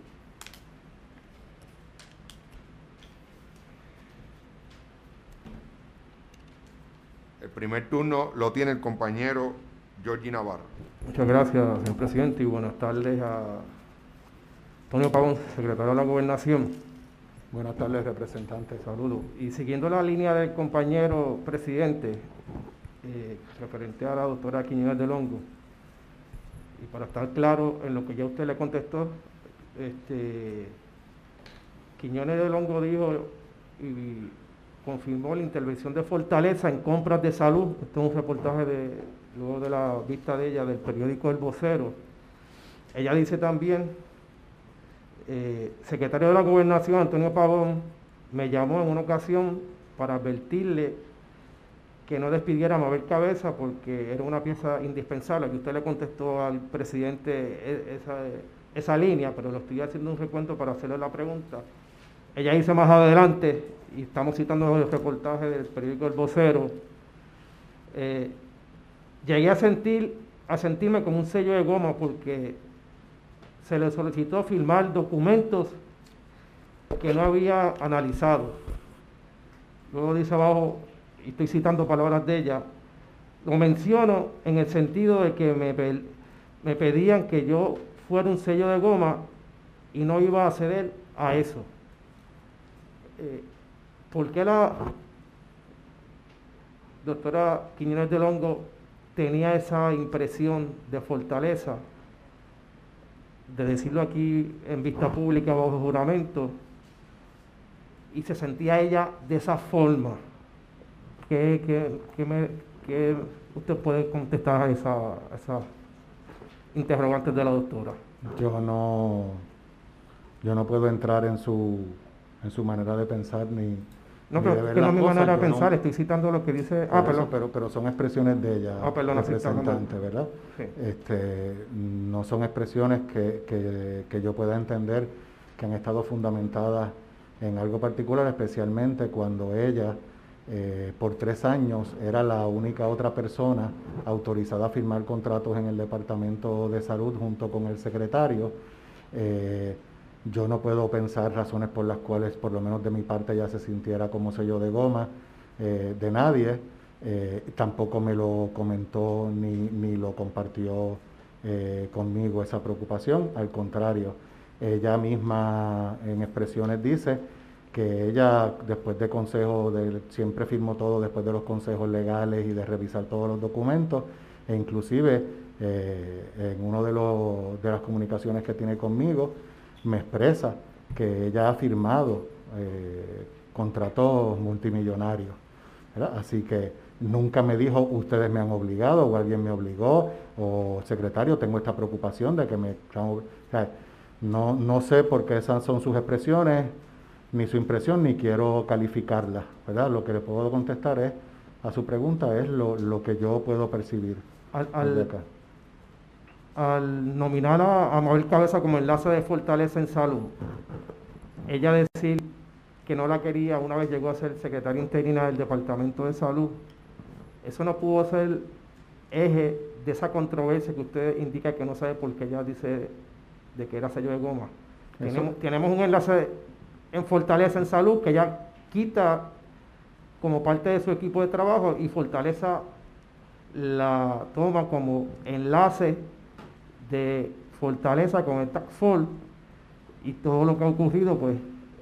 El primer turno lo tiene el compañero Georgie Navarro. Muchas gracias, señor presidente, y buenas tardes a Antonio Pavón, secretario de la Gobernación. Buenas tardes, representante. Saludos. Y siguiendo la línea del compañero presidente, eh, referente a la doctora Quiñones del Hongo, y para estar claro en lo que ya usted le contestó, este, Quiñones del Hongo dijo y confirmó la intervención de Fortaleza en compras de salud. Este es un reportaje de, luego de la vista de ella del periódico El Vocero. Ella dice también, eh, secretario de la Gobernación, Antonio Pavón, me llamó en una ocasión para advertirle que no despidiera a Mabel Cabeza porque era una pieza indispensable, que usted le contestó al presidente esa, esa línea, pero lo estoy haciendo un recuento para hacerle la pregunta. Ella dice más adelante, y estamos citando el reportaje del periódico El Vocero, eh, llegué a sentir, a sentirme como un sello de goma porque se le solicitó firmar documentos que no había analizado. Luego dice abajo, y estoy citando palabras de ella, lo menciono en el sentido de que me, me pedían que yo fuera un sello de goma y no iba a ceder a eso. Eh, ¿Por qué la doctora Quiñones del Hongo tenía esa impresión de fortaleza, de decirlo aquí en vista pública bajo juramento, y se sentía ella de esa forma? ¿Qué, qué, qué, me, qué usted puede contestar a esa, a esa interrogantes de la doctora? Yo no, yo no puedo entrar en su, en su manera de pensar ni, No, ni pero de es ver que no las es mi cosas. manera de Yo pensar, no, estoy citando lo que dice... por Ah, eso, perdón. pero, pero son expresiones de ella, Ah, perdón, así está hablando. representante, ¿verdad? Sí. Este, no son expresiones que, que, que yo pueda entender que han estado fundamentadas en algo particular, especialmente cuando ella, eh, por tres años, era la única otra persona autorizada a firmar contratos en el Departamento de Salud junto con el secretario. Eh, yo no puedo pensar razones por las cuales, por lo menos de mi parte, ella se sintiera como sello de goma eh, de nadie. eh, tampoco me lo comentó ni, ni lo compartió eh, conmigo esa preocupación. Al contrario, ella misma en expresiones dice que ella, después de consejos, de, siempre firmó todo después de los consejos legales y de revisar todos los documentos, e inclusive eh, en una de, los, de las comunicaciones que tiene conmigo, me expresa que ella ha firmado eh, contratos multimillonarios, ¿verdad? Así que nunca me dijo, ustedes me han obligado, o alguien me obligó, o secretario, tengo esta preocupación de que me... O sea, no, no sé por qué esas son sus expresiones, ni su impresión, ni quiero calificarla, ¿verdad? Lo que le puedo contestar es, a su pregunta, es lo, lo que yo puedo percibir Al, desde al, acá. al nominar a, a Mabel Cabeza como enlace de Fortaleza en Salud, ella decir que no la quería una vez llegó a ser secretaria interina del Departamento de Salud, eso no pudo ser eje de esa controversia que usted indica que no sabe por qué ella dice de que era sello de goma. Tenemos, tenemos un enlace en Fortaleza en Salud que ella quita como parte de su equipo de trabajo y Fortaleza la toma como enlace de Fortaleza con el Task Force y todo lo que ha ocurrido, pues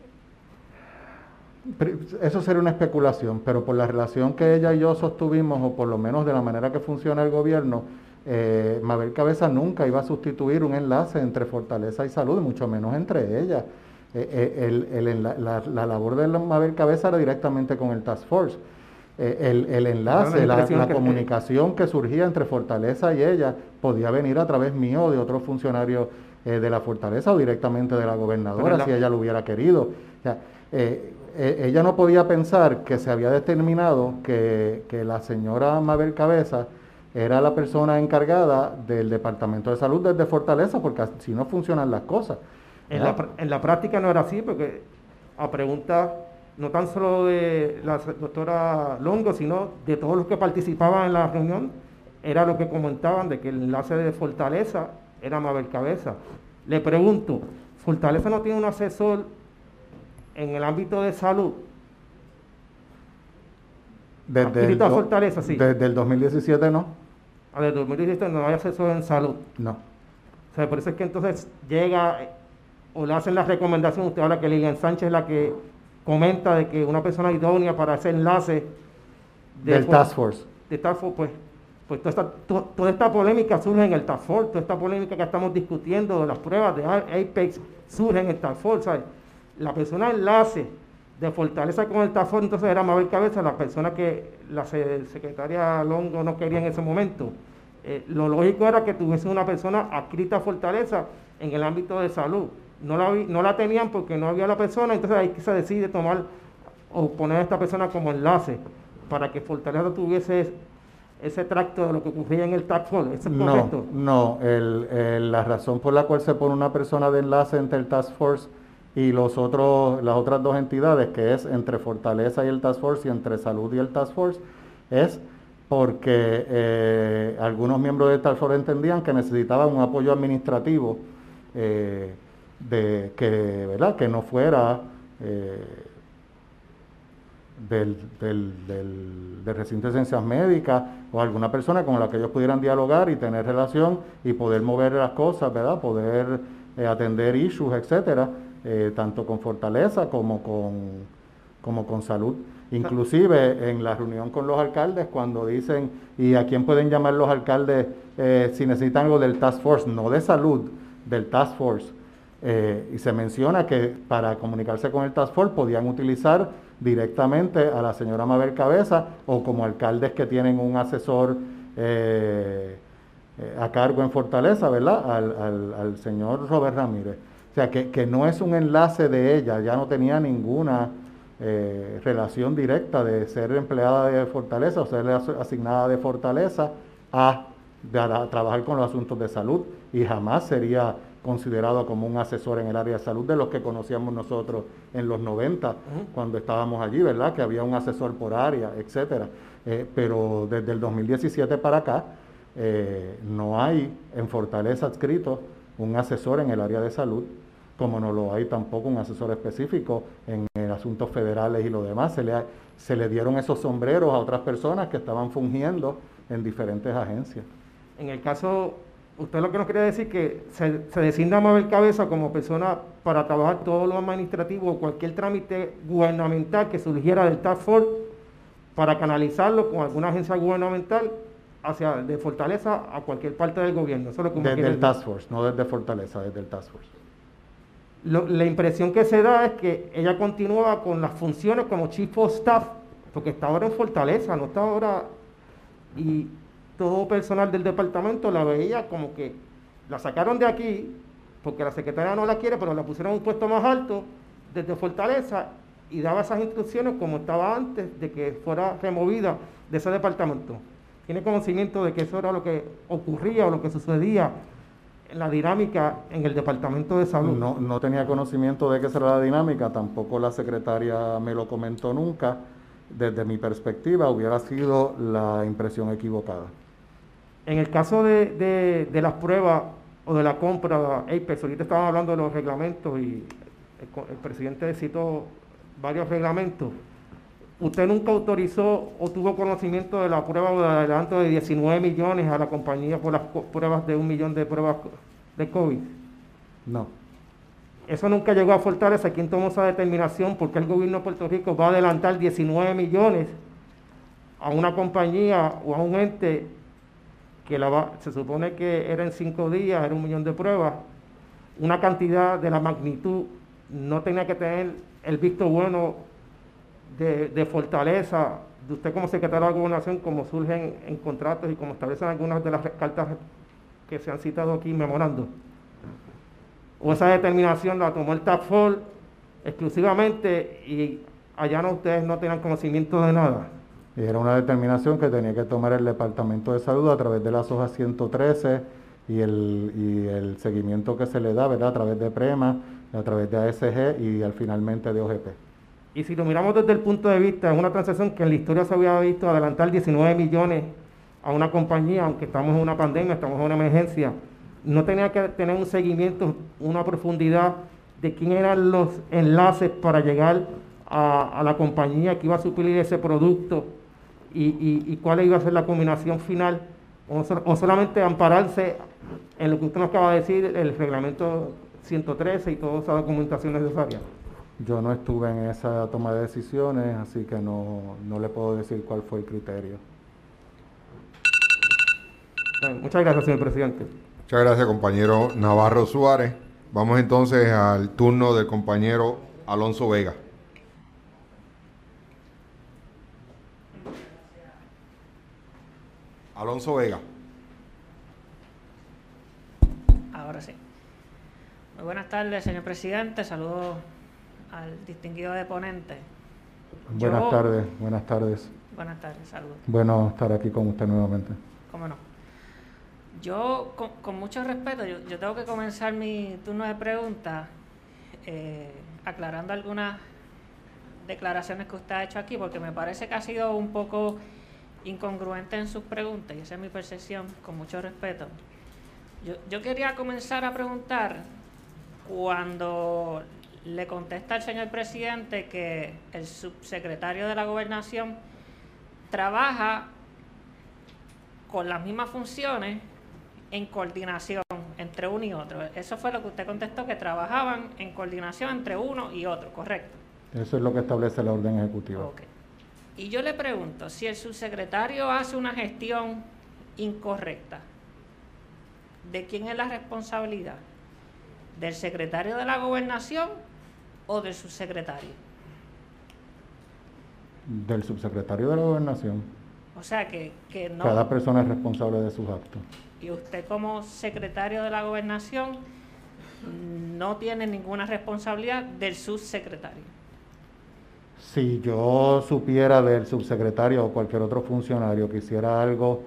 eso sería una especulación, pero por la relación que ella y yo sostuvimos, o por lo menos de la manera que funciona el gobierno, eh, Mabel Cabeza nunca iba a sustituir un enlace entre Fortaleza y Salud, mucho menos entre ellas. Eh, el, el, el, la, la labor de Mabel Cabeza era directamente con el Task Force. Eh, el, el enlace, la, la que comunicación que surgía entre Fortaleza y ella podía venir a través mío o de otros funcionarios eh, de la Fortaleza o directamente de la gobernadora, la, si ella lo hubiera querido. O sea, eh, eh, ella no podía pensar que se había determinado que, que la señora Mabel Cabeza era la persona encargada del Departamento de Salud desde Fortaleza, porque así no funcionan las cosas. En la, en la práctica no era así, porque a preguntas no tan solo de la doctora Longo, sino de todos los que participaban en la reunión, era lo que comentaban de que el enlace de Fortaleza era Mabel Cabeza. Le pregunto, ¿Fortaleza no tiene un asesor en el ámbito de salud? Desde el, do, Fortaleza, sí. Desde el dos mil diecisiete no. Ah, desde el dos mil diecisiete no hay asesor en salud. No. O sea, por eso es que entonces llega o le hacen la recomendación, usted habla que Lilian Sánchez es la que comenta de que una persona idónea para ese enlace de del Task Force. De Task Force, pues, pues toda, esta, to, toda esta polémica surge en el Task Force, toda esta polémica que estamos discutiendo de las pruebas de Apex surge en el Task Force, ¿sabes? La persona enlace de Fortaleza con el Task Force, entonces era Mabel Cabeza, la persona que la secretaria Longo no quería en ese momento. Eh, lo lógico era que tuviese una persona adscrita a Fortaleza en el ámbito de salud. No la, no la tenían porque no había la persona, entonces ahí se decide tomar o poner a esta persona como enlace para que Fortaleza tuviese ese, ese tracto de lo que ocurría en el Task Force. ¿Eso es correcto? No, no el, el, la razón por la cual se pone una persona de enlace entre el Task Force y los otros, las otras dos entidades, que es entre Fortaleza y el Task Force y entre Salud y el Task Force, es porque eh, algunos miembros del Task Force entendían que necesitaban un apoyo administrativo eh, de que, ¿verdad? Que no fuera eh, del, del, del, del recinto de ciencias médicas o alguna persona con la que ellos pudieran dialogar y tener relación y poder mover las cosas, ¿verdad? Poder eh, atender issues, etcétera, eh, tanto con Fortaleza como con, como con Salud. Inclusive en la reunión con los alcaldes, cuando dicen, ¿y a quién pueden llamar los alcaldes eh, si necesitan algo del Task Force? No de Salud, del Task Force. Eh, y se menciona que para comunicarse con el Task Force podían utilizar directamente a la señora Mabel Cabeza o como alcaldes que tienen un asesor eh, eh, a cargo en Fortaleza, ¿verdad? Al, al, al señor Robert Ramírez. O sea, que, que no es un enlace de ella, ya no tenía ninguna eh, relación directa de ser empleada de Fortaleza o ser asignada de Fortaleza a, de, a trabajar con los asuntos de salud y jamás sería considerado como un asesor en el área de salud de los que conocíamos nosotros en los noventa, uh-huh. cuando estábamos allí, ¿verdad? Que había un asesor por área, etcétera. Eh, pero desde el dos mil diecisiete para acá, eh, no hay en Fortaleza adscrito un asesor en el área de salud, como no lo hay tampoco un asesor específico en el asuntos federales y lo demás, se le, se le dieron esos sombreros a otras personas que estaban fungiendo en diferentes agencias. En el caso, usted lo que nos quería decir que se, se designa a Mabel Cabeza como persona para trabajar todo lo administrativo o cualquier trámite gubernamental que surgiera del Task Force para canalizarlo con alguna agencia gubernamental hacia de Fortaleza a cualquier parte del gobierno. Eso es lo que desde el Task Force, no desde Fortaleza, desde el Task Force. Lo, la impresión que se da es que ella continúa con las funciones como Chief of Staff, porque está ahora en Fortaleza, no está ahora, y todo personal del departamento la veía como que la sacaron de aquí, porque la secretaria no la quiere, pero la pusieron en un puesto más alto desde Fortaleza y daba esas instrucciones como estaba antes de que fuera removida de ese departamento. ¿Tiene conocimiento de que eso era lo que ocurría o lo que sucedía en la dinámica en el Departamento de Salud? No, no tenía conocimiento de que esa era la dinámica, tampoco la secretaria me lo comentó nunca. Desde mi perspectiva hubiera sido la impresión equivocada. En el caso de, de, de las pruebas o de la compra, Apex, ahorita estaban hablando de los reglamentos y el, el presidente citó varios reglamentos. ¿Usted nunca autorizó o tuvo conocimiento de la prueba o de adelanto de diecinueve millones a la compañía por las pruebas de un millón de pruebas de COVID? No. Eso nunca llegó a Fortaleza. ¿Quién tomó esa determinación? Porque el gobierno de Puerto Rico va a adelantar diecinueve millones a una compañía o a un ente que la va, se supone que era en cinco días, era un millón de pruebas, una cantidad de la magnitud, no tenía que tener el visto bueno de, de Fortaleza, de usted como secretario de Gobernación, como surgen en contratos y como establecen algunas de las cartas que se han citado aquí memorando. O esa determinación la tomó el Task Force exclusivamente y allá no, ustedes no tenían conocimiento de nada. Y era una determinación que tenía que tomar el Departamento de Salud a través de las hojas ciento trece y el, y el seguimiento que se le da, ¿verdad? A través de PREMA, a través de A S G y al finalmente de O G P. Y si lo miramos desde el punto de vista, es una transacción que en la historia se había visto adelantar diecinueve millones a una compañía, aunque estamos en una pandemia, estamos en una emergencia, no tenía que tener un seguimiento, una profundidad de quién eran los enlaces para llegar a, a la compañía que iba a suplir ese producto y, y, y cuál iba a ser la combinación final, o, so, o solamente ampararse en lo que usted nos acaba de decir, el reglamento ciento trece y toda esa documentación necesaria. Yo no estuve en esa toma de decisiones, así que no, no le puedo decir cuál fue el criterio. Bien, muchas gracias, señor presidente. Muchas gracias, compañero Navarro Suárez. Vamos entonces al turno del compañero Alonso Vega. Alonso Vega. Ahora sí. Muy buenas tardes, señor presidente. Saludos al distinguido deponente. Buenas Yo, tardes, buenas tardes. Buenas tardes, saludos. Bueno estar aquí con usted nuevamente. ¿Cómo no? Yo, con, con mucho respeto, yo, yo tengo que comenzar mi turno de preguntas eh, aclarando algunas declaraciones que usted ha hecho aquí, porque me parece que ha sido un poco incongruente en sus preguntas, y esa es mi percepción, con mucho respeto. Yo, yo quería comenzar a preguntar, cuando le contesta al señor presidente que el subsecretario de la Gobernación trabaja con las mismas funciones en coordinación entre uno y otro. Eso fue lo que usted contestó, que trabajaban en coordinación entre uno y otro, ¿correcto? Eso es lo que establece la orden ejecutiva. Okay. Y yo le pregunto, si el subsecretario hace una gestión incorrecta, ¿de quién es la responsabilidad? ¿Del secretario de la Gobernación o del subsecretario? Del subsecretario de la Gobernación. O sea que, que no... Cada persona es responsable de sus actos. Y usted como secretario de la Gobernación no tiene ninguna responsabilidad del subsecretario. Si yo supiera del subsecretario o cualquier otro funcionario que hiciera algo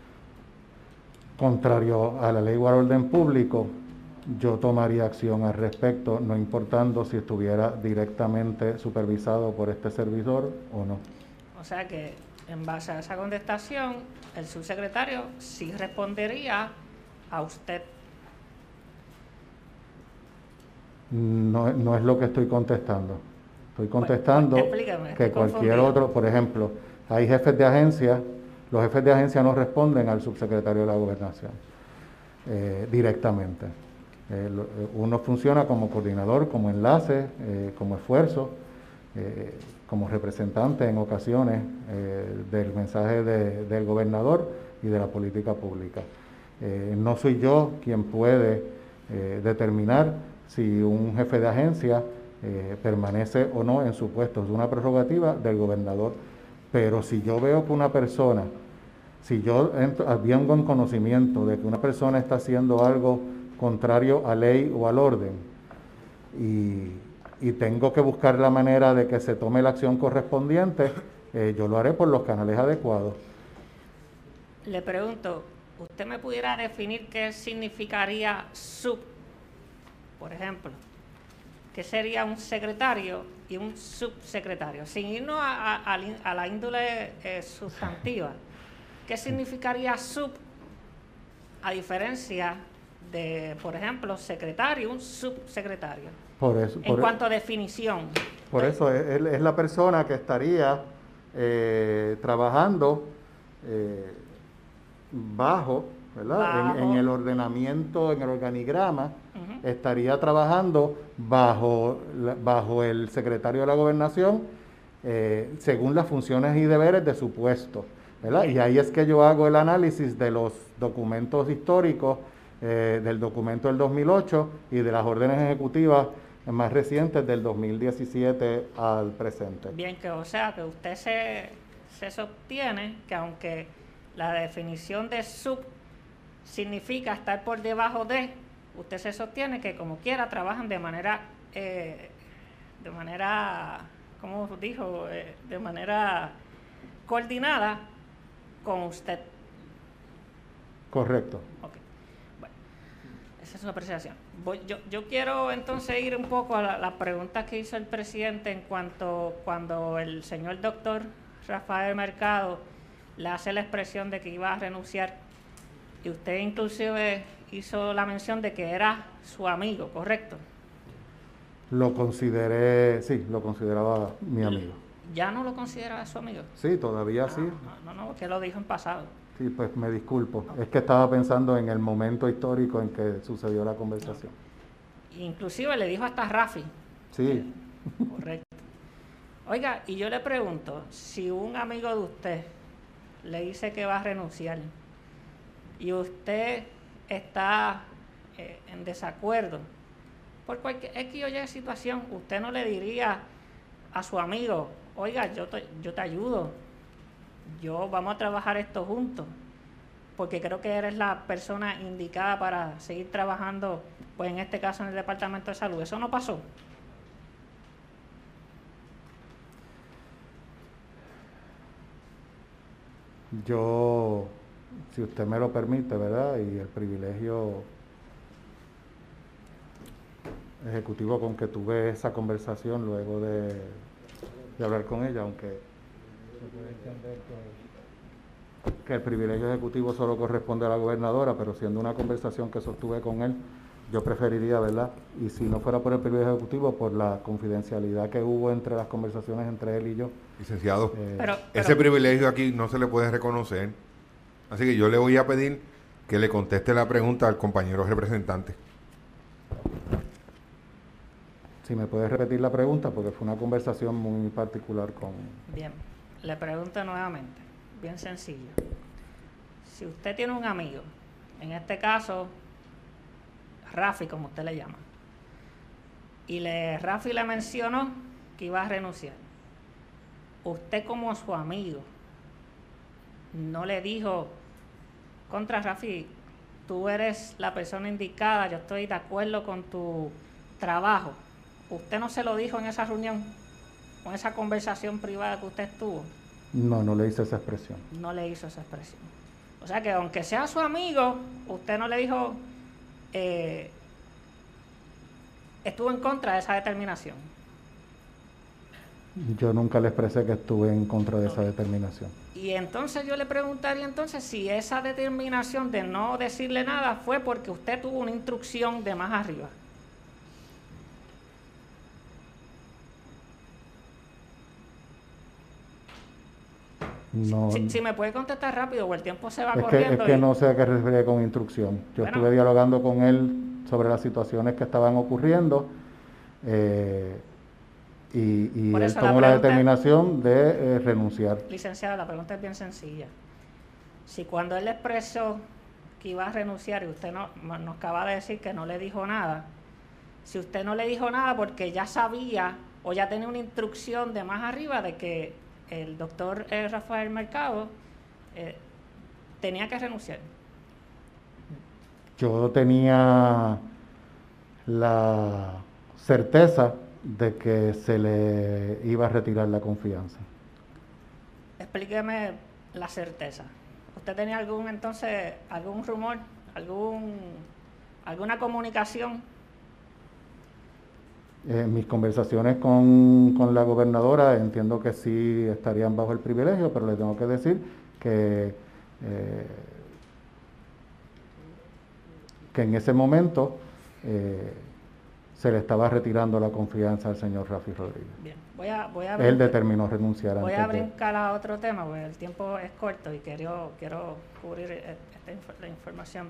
contrario a la ley o al orden público, yo tomaría acción al respecto, no importando si estuviera directamente supervisado por este servidor o no. O sea que, en base a esa contestación, el subsecretario sí respondería a usted. No, no es lo que estoy contestando. Estoy contestando pues, explícame, que estoy cualquier confundido. otro, por ejemplo, hay jefes de agencia, los jefes de agencia no responden al subsecretario de la Gobernación eh, directamente. Eh, lo, uno funciona como coordinador, como enlace, eh, como esfuerzo, eh, como representante en ocasiones eh, del mensaje de, del gobernador y de la política pública. Eh, no soy yo quien puede eh, determinar si un jefe de agencia eh, permanece o no en su puesto. Es una prerrogativa del gobernador. Pero si yo veo que una persona, si yo vengo en conocimiento de que una persona está haciendo algo contrario a ley o al orden y, y tengo que buscar la manera de que se tome la acción correspondiente, eh, yo lo haré por los canales adecuados. Le pregunto, ¿usted me pudiera definir qué significaría sub, por ejemplo? ¿Qué sería un secretario y un subsecretario? Sin irnos a, a, a la índole eh, sustantiva, ¿qué significaría sub a diferencia de, por ejemplo, secretario y un subsecretario? Por eso, en por cuanto a definición. Por eso es, es la persona que estaría eh, trabajando eh, bajo, ¿verdad? Bajo. En, en el ordenamiento, en el organigrama, uh-huh. Estaría trabajando bajo, bajo el secretario de la Gobernación, eh, según las funciones y deberes de su puesto, ¿verdad? Y ahí es que yo hago el análisis de los documentos históricos, eh, del documento del dos mil ocho y de las órdenes ejecutivas más recientes del dos mil diecisiete al presente. Bien, que o sea que usted se, se sostiene que aunque la definición de sub significa estar por debajo de, usted se sostiene que como quiera trabajan de manera, eh, de manera, ¿cómo dijo? Eh, de manera coordinada con usted. Correcto. Okay. Bueno, esa es una apreciación. Voy, yo, yo quiero entonces ir un poco a la, la pregunta que hizo el presidente en cuanto cuando el señor doctor Rafael Mercado le hace la expresión de que iba a renunciar y usted inclusive hizo la mención de que era su amigo, ¿correcto? Lo consideré, sí, lo consideraba mi amigo. ¿Ya no lo considera su amigo? Sí, todavía no, sí. No, no, no, que lo dijo en pasado. Sí, pues me disculpo. Es que estaba pensando en el momento histórico en que sucedió la conversación. Inclusive le dijo hasta Rafi. Sí. Correcto. Oiga, y yo le pregunto, si un amigo de usted le dice que va a renunciar y usted está eh, en desacuerdo por cualquier X o Y situación, usted no le diría a su amigo, oiga, yo te, yo te ayudo, yo vamos a trabajar esto juntos, porque creo que eres la persona indicada para seguir trabajando, pues en este caso en el Departamento de Salud. ¿Eso no pasó? Yo, si usted me lo permite, ¿verdad? Y el privilegio ejecutivo con que tuve esa conversación luego de, de hablar con ella, aunque se puede entender que, que el privilegio ejecutivo solo corresponde a la gobernadora, pero siendo una conversación que sostuve con él, yo preferiría, ¿verdad? Y si no fuera por el privilegio ejecutivo, por la confidencialidad que hubo entre las conversaciones entre él y yo. Licenciado, eh, pero, pero, ese privilegio aquí no se le puede reconocer. Así que yo le voy a pedir que le conteste la pregunta al compañero representante. Si me puede repetir la pregunta, porque fue una conversación muy particular con... Bien, le pregunto nuevamente, bien sencillo. Si usted tiene un amigo, en este caso, Rafi, como usted le llama, y le, Rafi le mencionó que iba a renunciar, usted como su amigo no le dijo, contra Rafi, tú eres la persona indicada, yo estoy de acuerdo con tu trabajo. ¿Usted no se lo dijo en esa reunión, con esa conversación privada que usted tuvo? No, no le hice esa expresión. No le hizo esa expresión. O sea que aunque sea su amigo, usted no le dijo, eh, estuvo en contra de esa determinación. Yo nunca le expresé que estuve en contra de esa determinación. Y entonces yo le preguntaría entonces si esa determinación de no decirle nada fue porque usted tuvo una instrucción de más arriba. No, si, si me puede contestar rápido o el tiempo se va es que, corriendo. es que y... no sé a qué se refiere con instrucción. Yo Bueno. estuve dialogando con él sobre las situaciones que estaban ocurriendo eh, y, y Por él eso la tomó la pregunta, determinación de eh, renunciar. licenciada, la pregunta es bien sencilla. Si cuando él expresó que iba a renunciar y usted no, nos acaba de decir que no le dijo nada, si usted no le dijo nada porque ya sabía o ya tenía una instrucción de más arriba de que el doctor eh, Rafael Mercado eh, tenía que renunciar. Yo tenía la certeza de que se le iba a retirar la confianza. Explíqueme la certeza. ¿Usted tenía algún entonces, algún rumor, algún, alguna comunicación? En eh, mis conversaciones con, con la gobernadora entiendo que sí estarían bajo el privilegio, pero le tengo que decir que, eh, que en ese momento eh, se le estaba retirando la confianza al señor Rafi Rodríguez. Bien, voy a, voy a Él determinó renunciar voy antes a brincar de... a otro tema porque el tiempo es corto y quiero, quiero cubrir esta inf la información.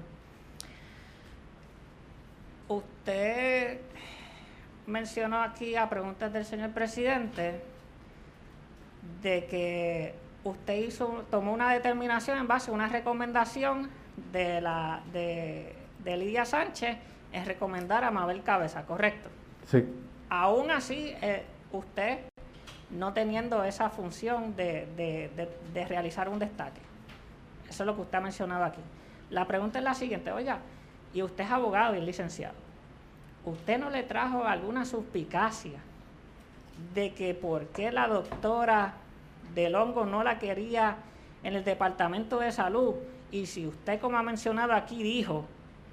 Usted mencionó aquí a preguntas del señor presidente de que usted hizo, tomó una determinación en base a una recomendación de, la, de, de Lidia Sánchez en recomendar a Mabel Cabeza, ¿correcto? Sí. Aún así, eh, usted no teniendo esa función de, de, de, de realizar un destaque. Eso es lo que usted ha mencionado aquí. La pregunta es la siguiente, oiga, y usted es abogado y licenciado, ¿usted no le trajo alguna suspicacia de que por qué la doctora Del Hongo no la quería en el Departamento de Salud? Y si usted, como ha mencionado aquí, dijo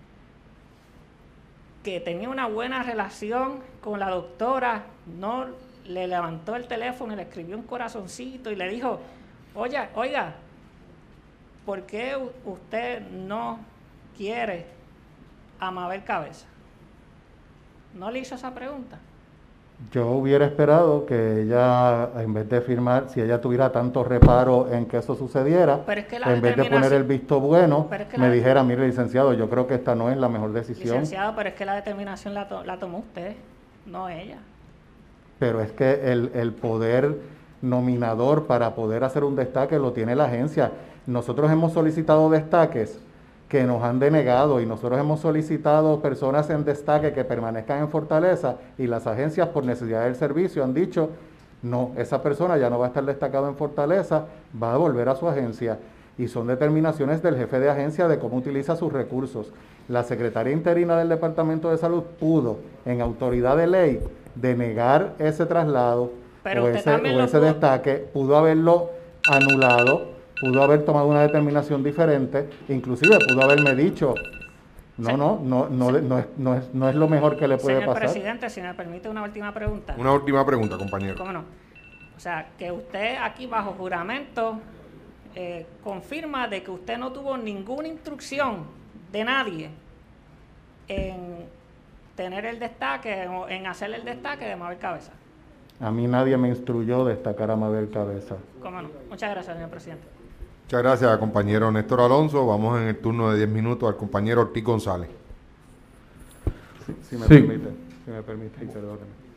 que tenía una buena relación con la doctora, no le levantó el teléfono y le escribió un corazoncito y le dijo, oiga, oiga, ¿por qué usted no quiere a Mabel Cabeza? ¿No le hizo esa pregunta? Yo hubiera esperado que ella, en vez de firmar, si ella tuviera tanto reparo en que eso sucediera, Pero es que la en vez de poner el visto bueno, es que me la, dijera, mire licenciado, yo creo que esta no es la mejor decisión. Licenciado, pero es que la determinación la, to la tomó usted, no ella. Pero es que el, el poder nominador para poder hacer un destaque lo tiene la agencia. Nosotros hemos solicitado destaques que nos han denegado y nosotros hemos solicitado personas en destaque que permanezcan en Fortaleza y las agencias por necesidad del servicio han dicho, no, esa persona ya no va a estar destacado en Fortaleza, va a volver a su agencia. Y son determinaciones del jefe de agencia de cómo utiliza sus recursos. La secretaria interina del Departamento de Salud pudo, en autoridad de ley, denegar ese traslado Pero o ese, o ese destaque, pudo haberlo anulado, pudo haber tomado una determinación diferente, inclusive pudo haberme dicho, no, no, no, no, no, es, no, es, no es lo mejor que le puede Señor pasar. Señor presidente, si me permite una última pregunta. Una última pregunta, compañero. ¿Cómo no? O sea, que usted aquí bajo juramento eh, confirma de que usted no tuvo ninguna instrucción de nadie en tener el destaque o en hacer el destaque de Mabel Cabeza. A mí nadie me instruyó destacar a Mabel Cabeza. ¿Cómo no? Muchas gracias, señor presidente. Muchas gracias, compañero Néstor Alonso. Vamos en el turno de diez minutos al compañero Ortiz González. Si, si me sí. permite, si me permite, perdóneme.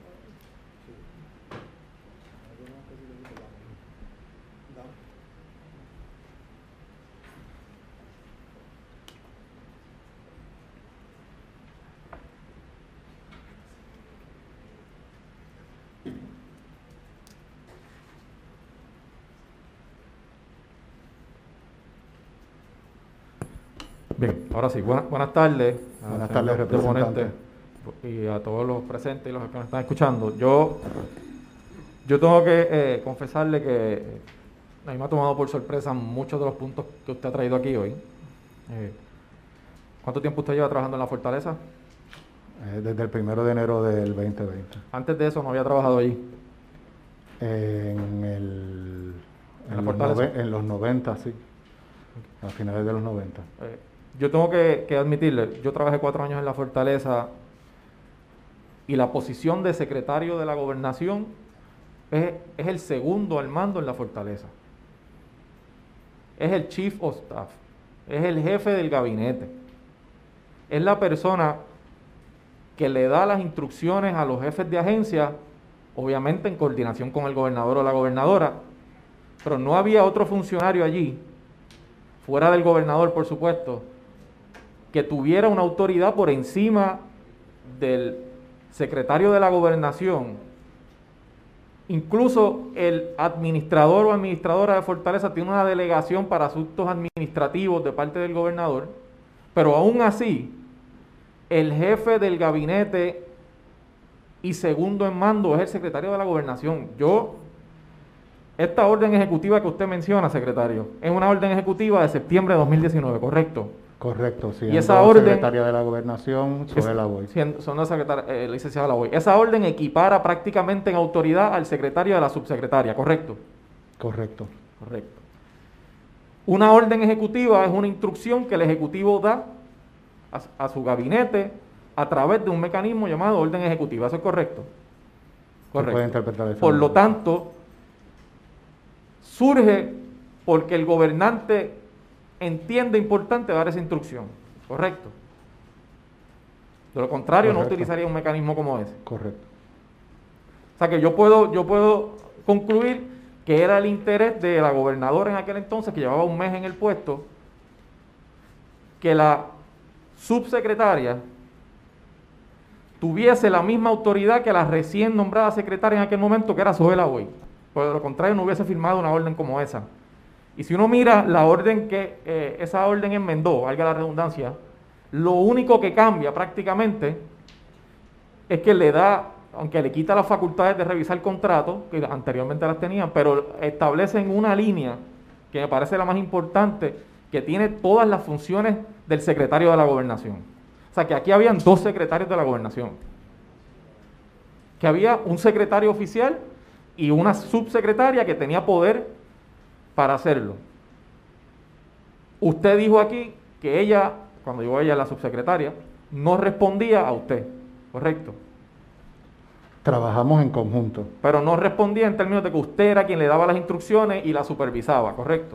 Bien, ahora sí, buenas, buenas tardes. Buenas tardes, representante. Y a todos los presentes y los que nos están escuchando. Yo, yo tengo que eh, confesarle que a mí me ha tomado por sorpresa muchos de los puntos que usted ha traído aquí hoy. Eh, ¿Cuánto tiempo usted lleva trabajando en la Fortaleza? Eh, desde el primero de enero del veinte veinte. Antes de eso no había trabajado allí. Eh, en el... ¿En, en, la los nove, en los noventa, sí. A finales de los noventa. Eh, yo tengo que, que admitirle, yo trabajé cuatro años en la Fortaleza y la posición de secretario de la Gobernación es, es el segundo al mando en la Fortaleza. es el Chief of Staff, es el jefe del gabinete. Es la persona que le da las instrucciones a los jefes de agencia, obviamente en coordinación con el gobernador o la gobernadora, pero no había otro funcionario allí, fuera del gobernador por supuesto, que tuviera una autoridad por encima del secretario de la gobernación. Incluso el administrador o administradora de Fortaleza tiene una delegación para asuntos administrativos de parte del gobernador, pero aún así, el jefe del gabinete y segundo en mando es el secretario de la gobernación. Yo, esta orden ejecutiva que usted menciona, secretario, es una orden ejecutiva de septiembre de dos mil diecinueve, ¿correcto? Correcto, sí. Y esa orden, secretaria de la gobernación, Zoe Lavoy. Son la secretaria, eh, la licenciada Lavoy. Esa orden equipara prácticamente en autoridad al secretario de la subsecretaria, ¿correcto? Correcto. Correcto. Una orden ejecutiva es una instrucción que el ejecutivo da a, a su gabinete a través de un mecanismo llamado orden ejecutiva. ¿Eso es correcto? Correcto. Se puede interpretar de esa Por manera. lo tanto, surge porque el gobernante entiende importante dar esa instrucción, ¿correcto? De lo contrario, Correcto. no utilizaría un mecanismo como ese. Correcto. O sea que yo puedo, yo puedo concluir que era el interés de la gobernadora en aquel entonces, que llevaba un mes en el puesto, que la subsecretaria tuviese la misma autoridad que la recién nombrada secretaria en aquel momento, que era Zoe Lavoy. Por de lo contrario, no hubiese firmado una orden como esa. Y si uno mira la orden que eh, esa orden enmendó, valga la redundancia, lo único que cambia prácticamente es que le da, aunque le quita las facultades de revisar contratos, que anteriormente las tenían, pero establecen una línea que me parece la más importante, que tiene todas las funciones del secretario de la gobernación. O sea que aquí habían dos secretarios de la gobernación. Que había un secretario oficial y una subsecretaria que tenía poder para hacerlo. Usted dijo aquí que ella, cuando llegó ella la subsecretaria, no respondía a usted, ¿correcto? Trabajamos en conjunto. Pero no respondía en términos de que usted era quien le daba las instrucciones y la supervisaba, ¿correcto?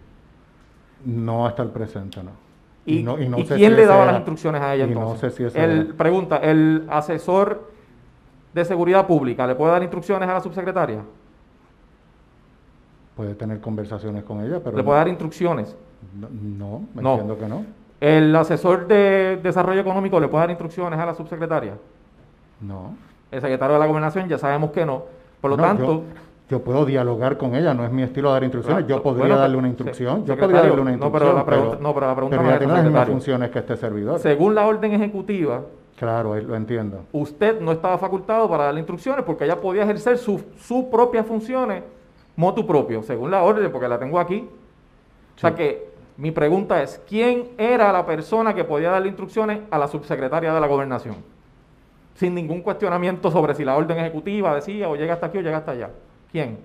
No hasta el presente, no. ¿Y, y, no, y, no ¿y sé quién si le daba era, las instrucciones a ella y entonces? No sé si ese el, era. Pregunta, ¿el asesor de seguridad pública le puede dar instrucciones a la subsecretaria? Puede tener conversaciones con ella, pero... ¿Le puede dar instrucciones? No, no me No. entiendo que no. ¿El asesor de desarrollo económico le puede dar instrucciones a la subsecretaria? No. El secretario de la gobernación ya sabemos que no. Por lo No, tanto... Yo, yo puedo dialogar con ella, no es mi estilo dar instrucciones. Claro, yo podría bueno, darle una se- instrucción. Yo secretario, podría darle una no, instrucción. pero la pregunta- no, pero la pregunta pero no ella es tiene esa, las mismas secretario. funciones que este servidor. Según la orden ejecutiva, Claro, ahí lo entiendo. usted no estaba facultado para darle instrucciones porque ella podía ejercer sus sus propias funciones motu propio, según la orden, porque la tengo aquí. O sea Sí. que mi pregunta es, ¿quién era la persona que podía darle instrucciones a la subsecretaria de la gobernación? Sin ningún cuestionamiento sobre si la orden ejecutiva decía o llega hasta aquí o llega hasta allá. ¿Quién?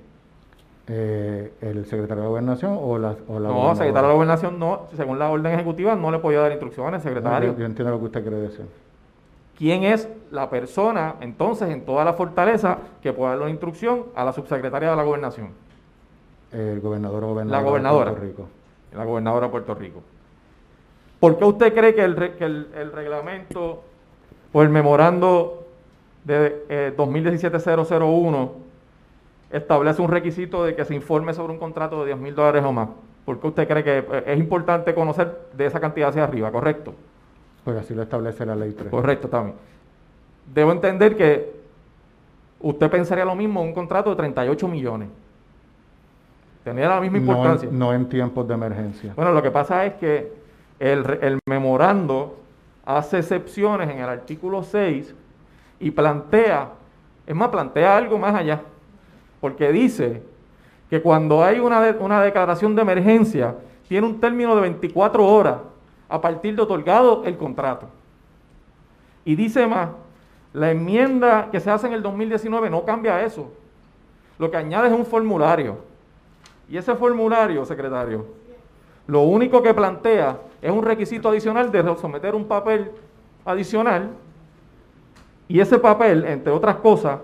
Eh, ¿El secretario de Gobernación o la, o la No, secretario de la gobernación no, según la orden ejecutiva no le podía dar instrucciones, secretario. No, yo, yo entiendo lo que usted quiere decir. ¿Quién es la persona, entonces, en toda la fortaleza que puede darle una instrucción a la subsecretaria de la gobernación? El gobernador o gobernadora La gobernadora. de Puerto Rico. La gobernadora de Puerto Rico. ¿Por qué usted cree que el, re- que el, el reglamento o el memorando de eh, dos mil diecisiete cero cero uno establece un requisito de que se informe sobre un contrato de diez mil dólares o más? ¿Por qué usted cree que eh, es importante conocer de esa cantidad hacia arriba? ¿Correcto? Pues así lo establece la ley tres. Correcto, también. Debo entender que usted pensaría lo mismo en un contrato de treinta y ocho millones. Tenía la misma No importancia. en, no en tiempos de emergencia. Bueno, lo que pasa es que el, re- el memorando hace excepciones en el artículo seis y plantea, es más, plantea algo más allá, porque dice que cuando hay una, de- una declaración de emergencia, tiene un término de veinticuatro horas a partir de otorgado el contrato. Y dice más, la enmienda que se hace en el dos mil diecinueve no cambia eso. Lo que añade es un formulario. Y ese formulario, secretario, lo único que plantea es un requisito adicional de someter un papel adicional. Y ese papel, entre otras cosas,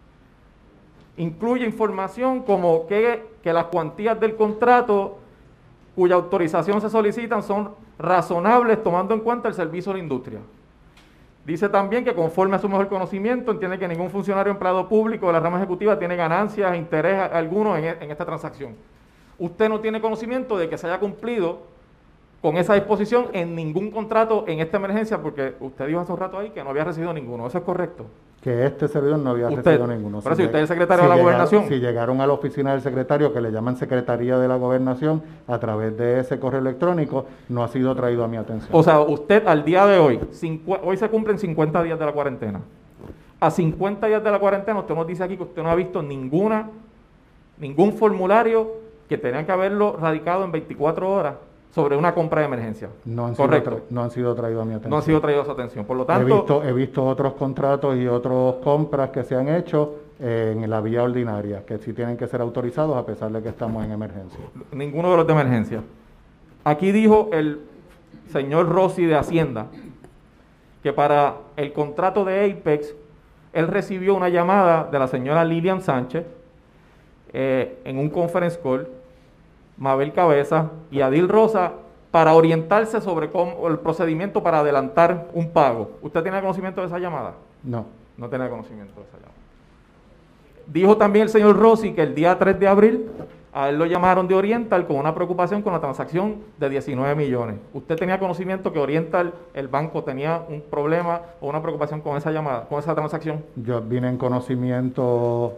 incluye información como que, que las cuantías del contrato cuya autorización se solicitan son razonables tomando en cuenta el servicio a la industria. Dice también que conforme a su mejor conocimiento entiende que ningún funcionario o empleado público de la rama ejecutiva tiene ganancias, interés alguno en, en esta transacción. Usted no tiene conocimiento de que se haya cumplido con esa disposición en ningún contrato en esta emergencia, porque usted dijo hace un rato ahí que no había recibido ninguno. ¿Eso es correcto? Que este servidor no había usted, recibido ninguno. Pero si si usted es el secretario si de la llegaron, Gobernación. Si llegaron a la oficina del secretario, que le llaman Secretaría de la Gobernación, a través de ese correo electrónico, no ha sido traído a mi atención. O sea, usted al día de hoy, cincu hoy se cumplen cincuenta días de la cuarentena. A cincuenta días de la cuarentena, usted nos dice aquí que usted no ha visto ninguna, ningún formulario que tenía que haberlo radicado en veinticuatro horas sobre una compra de emergencia. No han, Correcto. sido, no han sido traídos a mi atención. No han sido traídos a su atención. Por lo tanto, he visto, he visto otros contratos y otras compras que se han hecho eh, en la vía ordinaria, que sí tienen que ser autorizados a pesar de que estamos en emergencia. Ninguno de los de emergencia. Aquí dijo el señor Rossi de Hacienda que para el contrato de Apex, él recibió una llamada de la señora Lilian Sánchez eh, en un conference call, Mabel Cabeza y Adil Rosa, para orientarse sobre cómo, el procedimiento para adelantar un pago. ¿Usted tiene conocimiento de esa llamada? No. No tiene conocimiento de esa llamada. Dijo también el señor Rossi que el día tres de abril a él lo llamaron de Oriental con una preocupación con la transacción de diecinueve millones. ¿Usted tenía conocimiento que Oriental, el banco, tenía un problema o una preocupación con esa llamada, con esa transacción? Yo vine en conocimiento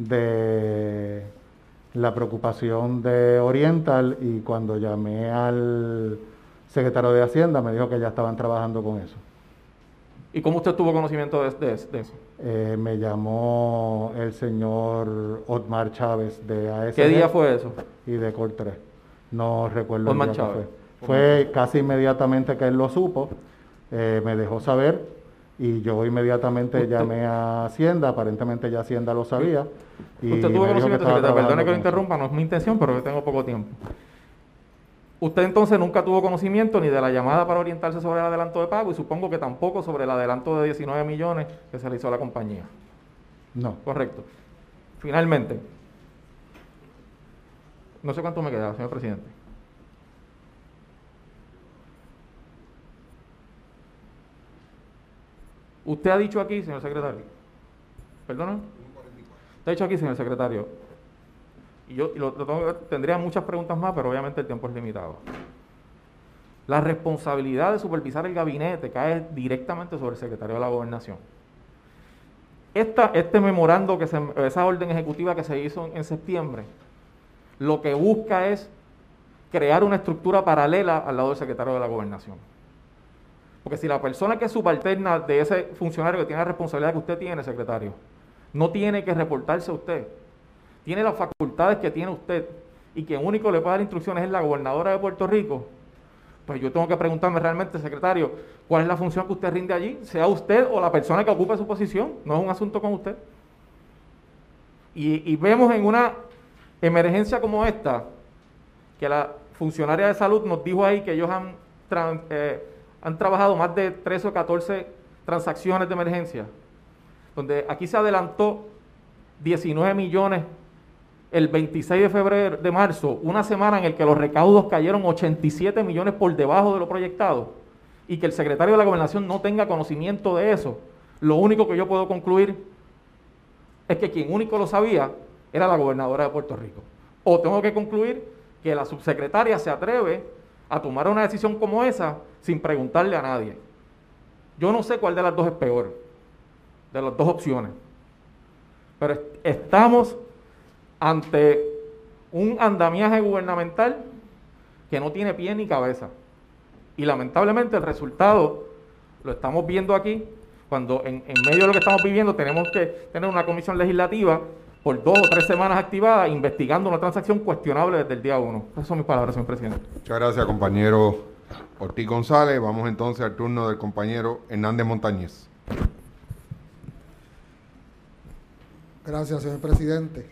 de la preocupación de Oriental y cuando llamé al secretario de Hacienda me dijo que ya estaban trabajando con eso. ¿Y cómo usted tuvo conocimiento de, de, de eso? Eh, me llamó el señor Otmar Chávez de A S G. ¿Qué día fue eso? Y de Cor tres. No recuerdo Otmar el día que Chávez. fue. Fue casi inmediatamente que él lo supo, eh, me dejó saber y yo inmediatamente ¿Usted? llamé a Hacienda, aparentemente ya Hacienda lo sabía. Y usted tuvo conocimiento, secretario, perdone que lo interrumpa, eso. no es mi intención, pero yo tengo poco tiempo. Usted entonces nunca tuvo conocimiento ni de la llamada para orientarse sobre el adelanto de pago y supongo que tampoco sobre el adelanto de diecinueve millones que se le hizo a la compañía. No. Correcto. Finalmente, no sé cuánto me queda, señor presidente. Usted ha dicho aquí, señor secretario, perdona, usted ha dicho aquí, señor secretario, y yo y lo, lo tengo, tendría muchas preguntas más, pero obviamente el tiempo es limitado. La responsabilidad de supervisar el gabinete cae directamente sobre el secretario de la Gobernación. Esta, este memorando, que se, esa orden ejecutiva que se hizo en, en septiembre, lo que busca es crear una estructura paralela al lado del secretario de la Gobernación. Porque si la persona que es subalterna de ese funcionario que tiene la responsabilidad que usted tiene, secretario, no tiene que reportarse a usted, tiene las facultades que tiene usted y quien único le puede dar instrucciones es la gobernadora de Puerto Rico, pues yo tengo que preguntarme realmente, secretario, ¿cuál es la función que usted rinde allí? Sea usted o la persona que ocupe su posición, no es un asunto con usted. Y, y vemos en una emergencia como esta, que la funcionaria de salud nos dijo ahí que ellos han, tra eh, han trabajado más de trece o catorce transacciones de emergencia, donde aquí se adelantó diecinueve millones el veintiséis de febrero, de marzo, una semana en el que los recaudos cayeron ochenta y siete millones por debajo de lo proyectado, y que el secretario de la Gobernación no tenga conocimiento de eso. Lo único que yo puedo concluir es que quien único lo sabía era la gobernadora de Puerto Rico. O tengo que concluir que la subsecretaria se atreve a tomar una decisión como esa sin preguntarle a nadie. Yo no sé cuál de las dos es peor, de las dos opciones. Pero est estamos ante un andamiaje gubernamental que no tiene pie ni cabeza. Y lamentablemente el resultado lo estamos viendo aquí, cuando en, en medio de lo que estamos viviendo tenemos que tener una comisión legislativa por dos o tres semanas activada investigando una transacción cuestionable desde el día uno. Esas son mis palabras, señor presidente. Muchas gracias, compañero Ortiz González. Vamos entonces al turno del compañero Hernández Montañez. Gracias, señor presidente.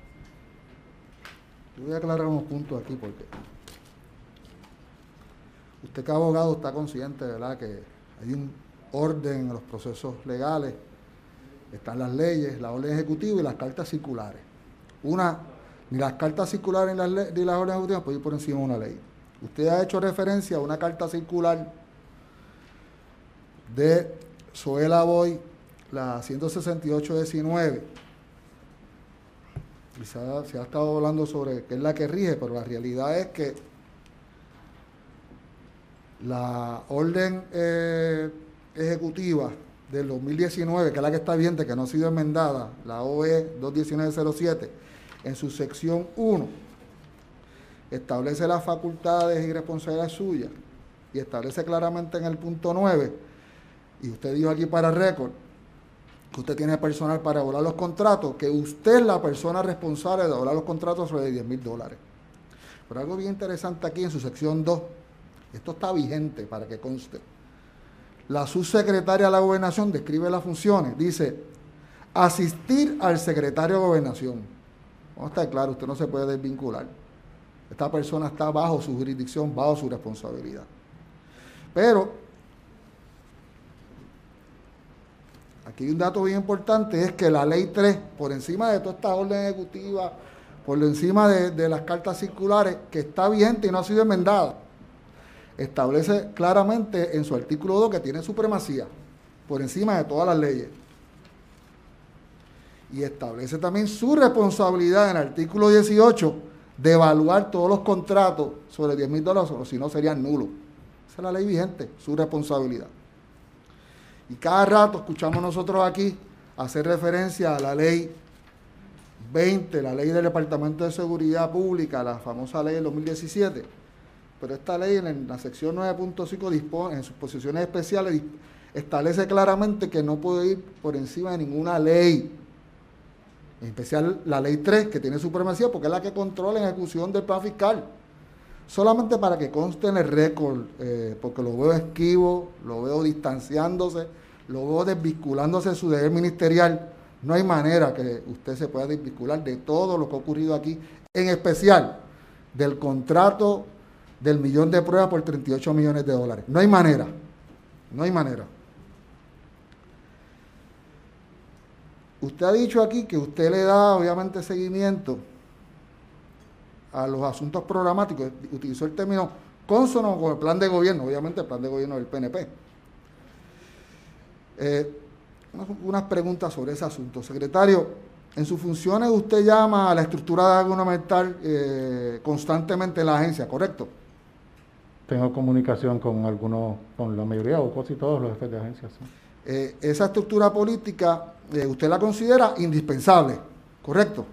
Yo voy a aclarar unos puntos aquí porque usted, que abogado, está consciente, ¿verdad?, que hay un orden en los procesos legales, están las leyes, la orden ejecutiva y las cartas circulares. Una, ni las cartas circulares ni las, ni las órdenes ejecutivas pueden ir por encima de una ley. Usted ha hecho referencia a una carta circular de Zoela Boy, la ciento sesenta y ocho diecinueve. Y se ha, se ha estado hablando sobre qué es la que rige, pero la realidad es que la orden eh, ejecutiva del dos mil diecinueve, que es la que está vigente, que no ha sido enmendada, la O E dos diecinueve cero siete, en su sección uno, establece las facultades y responsabilidades suyas y establece claramente en el punto nueve, y usted dijo aquí para récord, que usted tiene personal para evaluar los contratos, que usted es la persona responsable de evaluar los contratos sobre diez mil dólares. Pero algo bien interesante aquí en su sección dos, esto está vigente para que conste. La subsecretaria de la Gobernación describe las funciones, dice, asistir al secretario de Gobernación. Vamos a estar claro, usted no se puede desvincular. Esta persona está bajo su jurisdicción, bajo su responsabilidad. Pero, aquí hay un dato bien importante, es que la ley tres, por encima de toda esta orden ejecutiva, por encima de, de las cartas circulares, que está vigente y no ha sido enmendada, establece claramente en su artículo dos que tiene supremacía por encima de todas las leyes. Y establece también su responsabilidad en el artículo dieciocho de evaluar todos los contratos sobre diez mil dólares, o si no serían nulos. Esa es la ley vigente, su responsabilidad. Y cada rato escuchamos nosotros aquí hacer referencia a la ley veinte, la ley del Departamento de Seguridad Pública, la famosa ley del dos mil diecisiete. Pero esta ley en la sección nueve punto cinco dispone, en sus posiciones especiales, establece claramente que no puede ir por encima de ninguna ley. En especial la ley tres, que tiene supremacía porque es la que controla la ejecución del plan fiscal. Solamente para que conste en el récord, eh, porque lo veo esquivo, lo veo distanciándose, lo veo desvinculándose de su deber ministerial. No hay manera que usted se pueda desvincular de todo lo que ha ocurrido aquí, en especial del contrato del millón de pruebas por treinta y ocho millones de dólares. No hay manera, no hay manera. Usted ha dicho aquí que usted le da, obviamente, seguimiento a los asuntos programáticos. Utilizó el término cónsono con el plan de gobierno, obviamente el plan de gobierno del P N P. Eh, unas preguntas sobre ese asunto. Secretario, en sus funciones usted llama a la estructura gubernamental eh, constantemente en la agencia, ¿correcto? Tengo comunicación con algunos, con la mayoría o casi todos los jefes de agencia. ¿Sí? Eh, esa estructura política, eh, usted la considera indispensable, ¿correcto?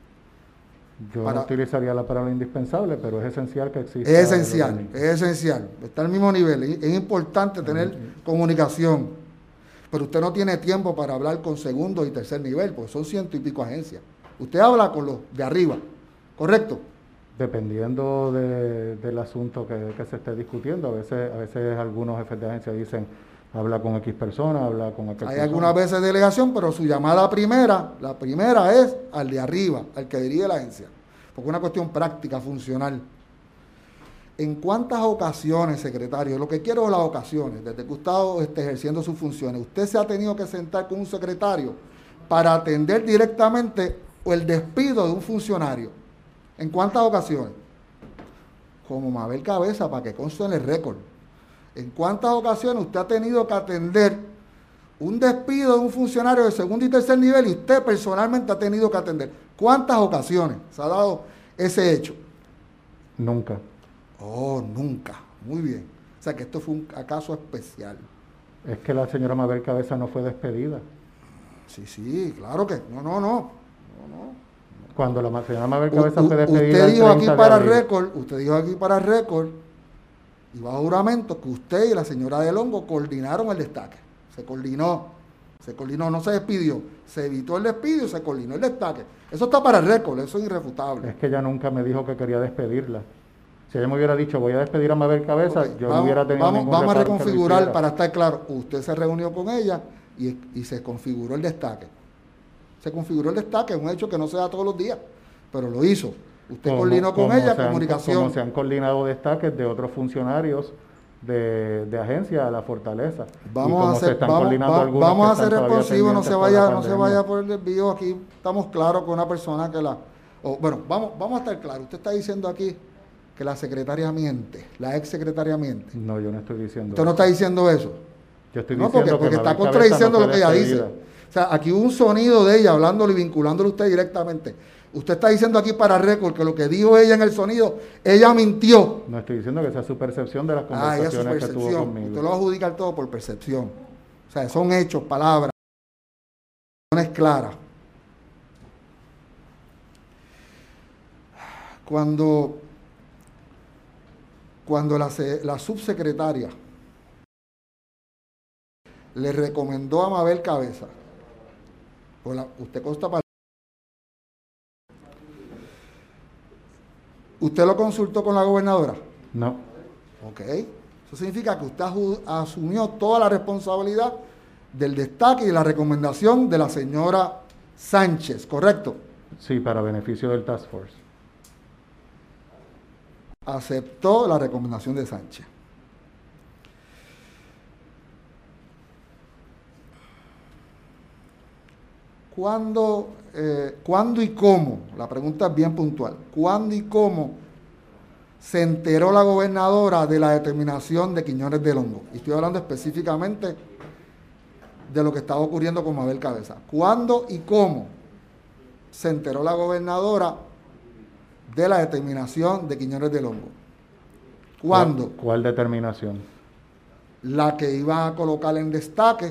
Yo Para, no utilizaría la palabra indispensable, pero es esencial que exista. Es esencial, es esencial. Está al mismo nivel. Es, es importante tener sí. comunicación. Pero usted no tiene tiempo para hablar con segundo y tercer nivel, porque son ciento y pico agencias. Usted habla con los de arriba, ¿correcto? Dependiendo de, del asunto que, que se esté discutiendo. A veces, a veces algunos jefes de agencia dicen, habla con X persona, habla con aquel persona. Hay algunas veces delegación, pero su llamada primera, la primera es al de arriba, al que dirige la agencia. Porque es una cuestión práctica, funcional. ¿En cuántas ocasiones, secretario? Lo que quiero es las ocasiones, desde que usted esté ejerciendo sus funciones, usted se ha tenido que sentar con un secretario para atender directamente el despido de un funcionario. ¿En cuántas ocasiones? Como Mabel Cabeza, para que conste en el récord. ¿En cuántas ocasiones usted ha tenido que atender un despido de un funcionario de segundo y tercer nivel y usted personalmente ha tenido que atender? ¿Cuántas ocasiones se ha dado ese hecho? Nunca. Oh, nunca. Muy bien. O sea que esto fue un caso especial. Es que la señora Mabel Cabeza no fue despedida. Sí, sí, claro que no, no, no. no, no. Cuando la señora Mabel Cabeza u, fue despedida. Usted dijo aquí para récord, usted dijo aquí para récord, y bajo juramento, que usted y la señora Del Hongo coordinaron el destaque. Se coordinó, se coordinó, no se despidió. Se evitó el despido y se coordinó el destaque. Eso está para récord, eso es irrefutable. Es que ella nunca me dijo que quería despedirla. Si ella me hubiera dicho, voy a despedir a Mabel Cabeza, okay, yo vamos, no hubiera tenido vamos, ningún Vamos a reconfigurar para estar claro. Usted se reunió con ella y, y se configuró el destaque. Se configuró el destaque, es un hecho que no se da todos los días, pero lo hizo. Usted como, coordinó con ella, han, comunicación. Como se han coordinado destaques de otros funcionarios de, de agencia a la Fortaleza. Vamos a hacer, vamos, va, vamos a ser responsivos, no se vaya, no se vaya por el desvío. Aquí estamos claros con una persona que la... Oh, bueno, vamos, vamos a estar claros. Usted está diciendo aquí que la secretaria miente, la ex secretaria miente. No, yo no estoy diciendo ¿Usted no está diciendo eso? Yo estoy no, diciendo porque, porque que está Mabel contradiciendo Cabeza no lo que ella despedida. dice. O sea, aquí hubo un sonido de ella hablándole y vinculándole a usted directamente. Usted está diciendo aquí para récord que lo que dijo ella en el sonido, ella mintió. No estoy diciendo que esa es su percepción de las Ah, ella es su conversaciones que percepción. tuvo conmigo. Usted lo va a adjudicar todo por percepción. O sea, son hechos, palabras, claras. Cuando, cuando la, la subsecretaria le recomendó a Mabel Cabeza, pues la, usted consta para... ¿Usted lo consultó con la gobernadora? No. Ok. Eso significa que usted asumió toda la responsabilidad del destaque y de la recomendación de la señora Sánchez, ¿correcto? Sí, para beneficio del Task Force. Aceptó la recomendación de Sánchez. ¿Cuándo, eh, ¿Cuándo y cómo? La pregunta es bien puntual. ¿Cuándo y cómo se enteró la gobernadora de la determinación de Quiñones del Hongo? Y estoy hablando específicamente de lo que estaba ocurriendo con Mabel Cabeza. ¿Cuándo y cómo se enteró la gobernadora de la determinación de Quiñones del Hongo? ¿Cuándo? ¿Cuál, cuál determinación? La que iba a colocar en destaque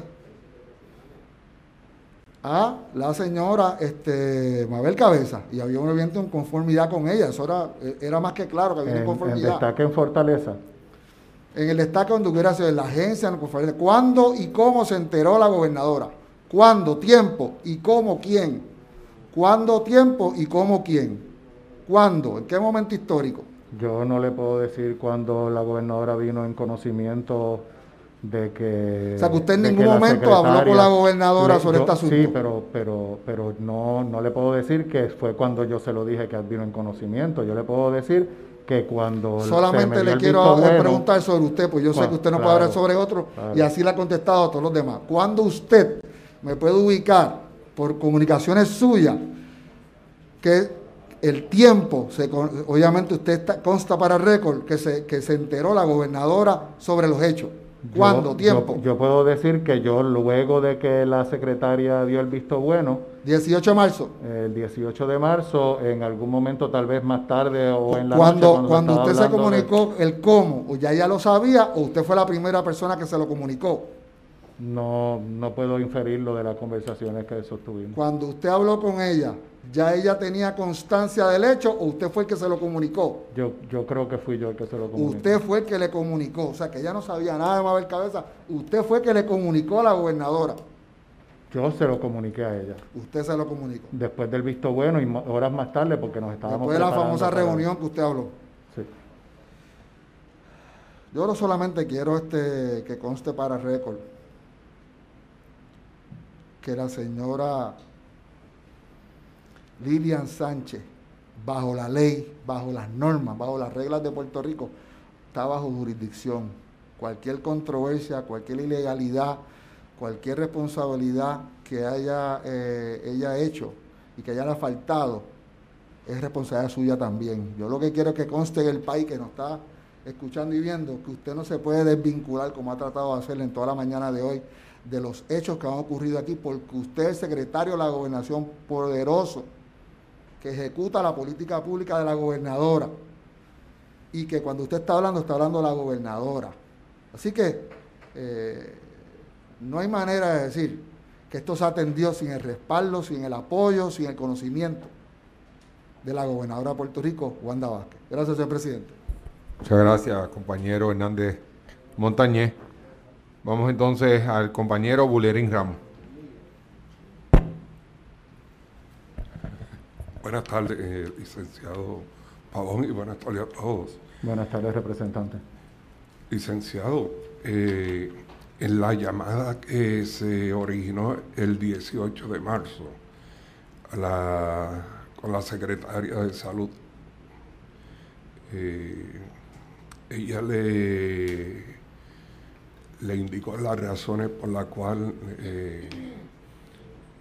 a la señora este, Mabel Cabeza, y había un evento en conformidad con ella. Eso era, era más que claro que había en, una conformidad. En destaque en Fortaleza. En el destaque donde hubiera sido en la agencia, en conformidad. ¿Cuándo y cómo se enteró la gobernadora? ¿Cuándo? ¿Tiempo? ¿Y cómo? ¿Quién? ¿Cuándo? ¿Tiempo? ¿Y cómo? ¿Quién? ¿Cuándo? ¿En qué momento histórico? Yo no le puedo decir cuándo la gobernadora vino en conocimiento de que... O sea, que usted en ningún momento habló con la gobernadora le, sobre yo, este asunto. Sí, pero, pero, pero no, no le puedo decir que fue cuando yo se lo dije que vino en conocimiento. Yo le puedo decir que cuando... Solamente le quiero bueno, preguntar sobre usted, pues yo sé que usted no claro, puede hablar sobre otro, claro. Y así le ha contestado a todos los demás. ¿Cuándo usted me puede ubicar por comunicaciones suyas que el tiempo, se, obviamente usted está, consta para récord, que se, que se enteró la gobernadora sobre los hechos? ¿Cuándo? Yo, ¿Tiempo? Yo, yo puedo decir que yo, luego de que la secretaria dio el visto bueno... dieciocho de marzo. El dieciocho de marzo, en algún momento, tal vez más tarde o en la cuando, noche... Cuando, cuando usted se comunicó de... el cómo, o ya ella lo sabía, o usted fue la primera persona que se lo comunicó. No, no puedo inferirlo de las conversaciones que sostuvimos. Cuando usted habló con ella, ¿ya ella tenía constancia del hecho o usted fue el que se lo comunicó? Yo, yo creo que fui yo el que se lo comunicó. Usted fue el que le comunicó, o sea que ella no sabía nada de Mabel Cabeza, usted fue el que le comunicó a la gobernadora. Yo se lo comuniqué a ella. Usted se lo comunicó. Después del visto bueno y horas más tarde porque nos estábamos Después de la famosa para... reunión que usted habló. Sí. Yo no solamente quiero este que conste para récord que la señora Lilian Sánchez, bajo la ley, bajo las normas, bajo las reglas de Puerto Rico, está bajo jurisdicción. Cualquier controversia, cualquier ilegalidad, cualquier responsabilidad que haya eh, ella hecho y que haya faltado, es responsabilidad suya también. Yo lo que quiero es que conste en el país que nos está escuchando y viendo que usted no se puede desvincular, como ha tratado de hacerle en toda la mañana de hoy, de los hechos que han ocurrido aquí, porque usted es secretario de la gobernación poderoso, que ejecuta la política pública de la gobernadora, y que cuando usted está hablando, está hablando de la gobernadora. Así que eh, no hay manera de decir que esto se atendió sin el respaldo, sin el apoyo, sin el conocimiento de la gobernadora de Puerto Rico, Wanda Vázquez. Gracias, señor presidente. Muchas gracias, compañero Hernández Montañez. Vamos entonces al compañero Bulerín Ramos. Buenas tardes, eh, licenciado Pavón, y buenas tardes a todos. Buenas tardes, representante. Licenciado, eh, en la llamada que se originó el dieciocho de marzo a la, con la secretaria de Salud, eh, ella le... le indicó las razones por las cuales eh,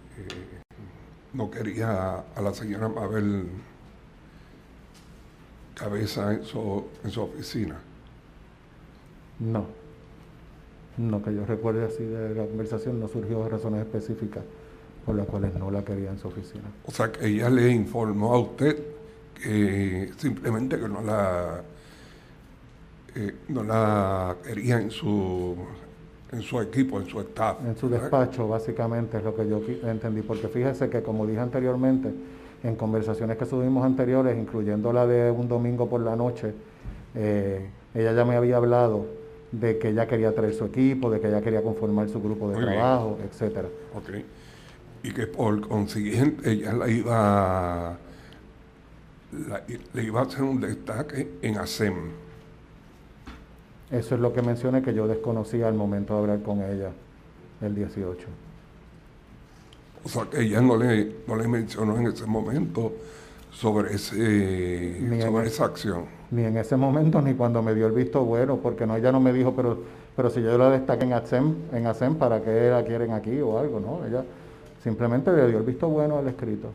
eh, no quería a la señora Mabel cabeza en su, en su oficina. No, no que yo recuerde así de la conversación, no surgió razones específicas por las cuales no la quería en su oficina. O sea, que ella le informó a usted que simplemente que no la eh, no la quería en su en su equipo, en su staff. En su ¿verdad? despacho, básicamente, es lo que yo entendí, porque fíjese que, como dije anteriormente, en conversaciones que tuvimos anteriores, incluyendo la de un domingo por la noche, eh, ella ya me había hablado de que ella quería traer su equipo, de que ella quería conformar su grupo de Muy bien. trabajo, etcétera. Ok. Y que por consiguiente ella la iba la- le iba a hacer un destaque en ASEM. Eso es lo que mencioné, que yo desconocía al momento de hablar con ella el dieciocho. O sea, que ella no le, no le mencionó en ese momento sobre, ese, Ni en, sobre e- esa acción. ni en ese momento, ni cuando me dio el visto bueno, porque no, ella no me dijo, pero, pero si yo la destaqué en ASEM, en ASEM, ¿para qué la quieren aquí o algo? No, ella simplemente le dio el visto bueno al escrito.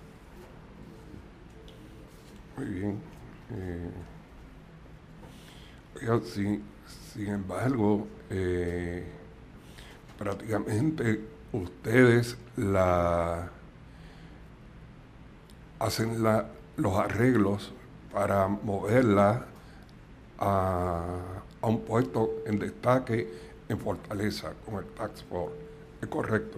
Muy bien. Eh, oiga, sin, sin embargo, eh, prácticamente ustedes la hacen la, los arreglos para moverla a, a un puesto en destaque en Fortaleza con el Tax Force. ¿Es correcto?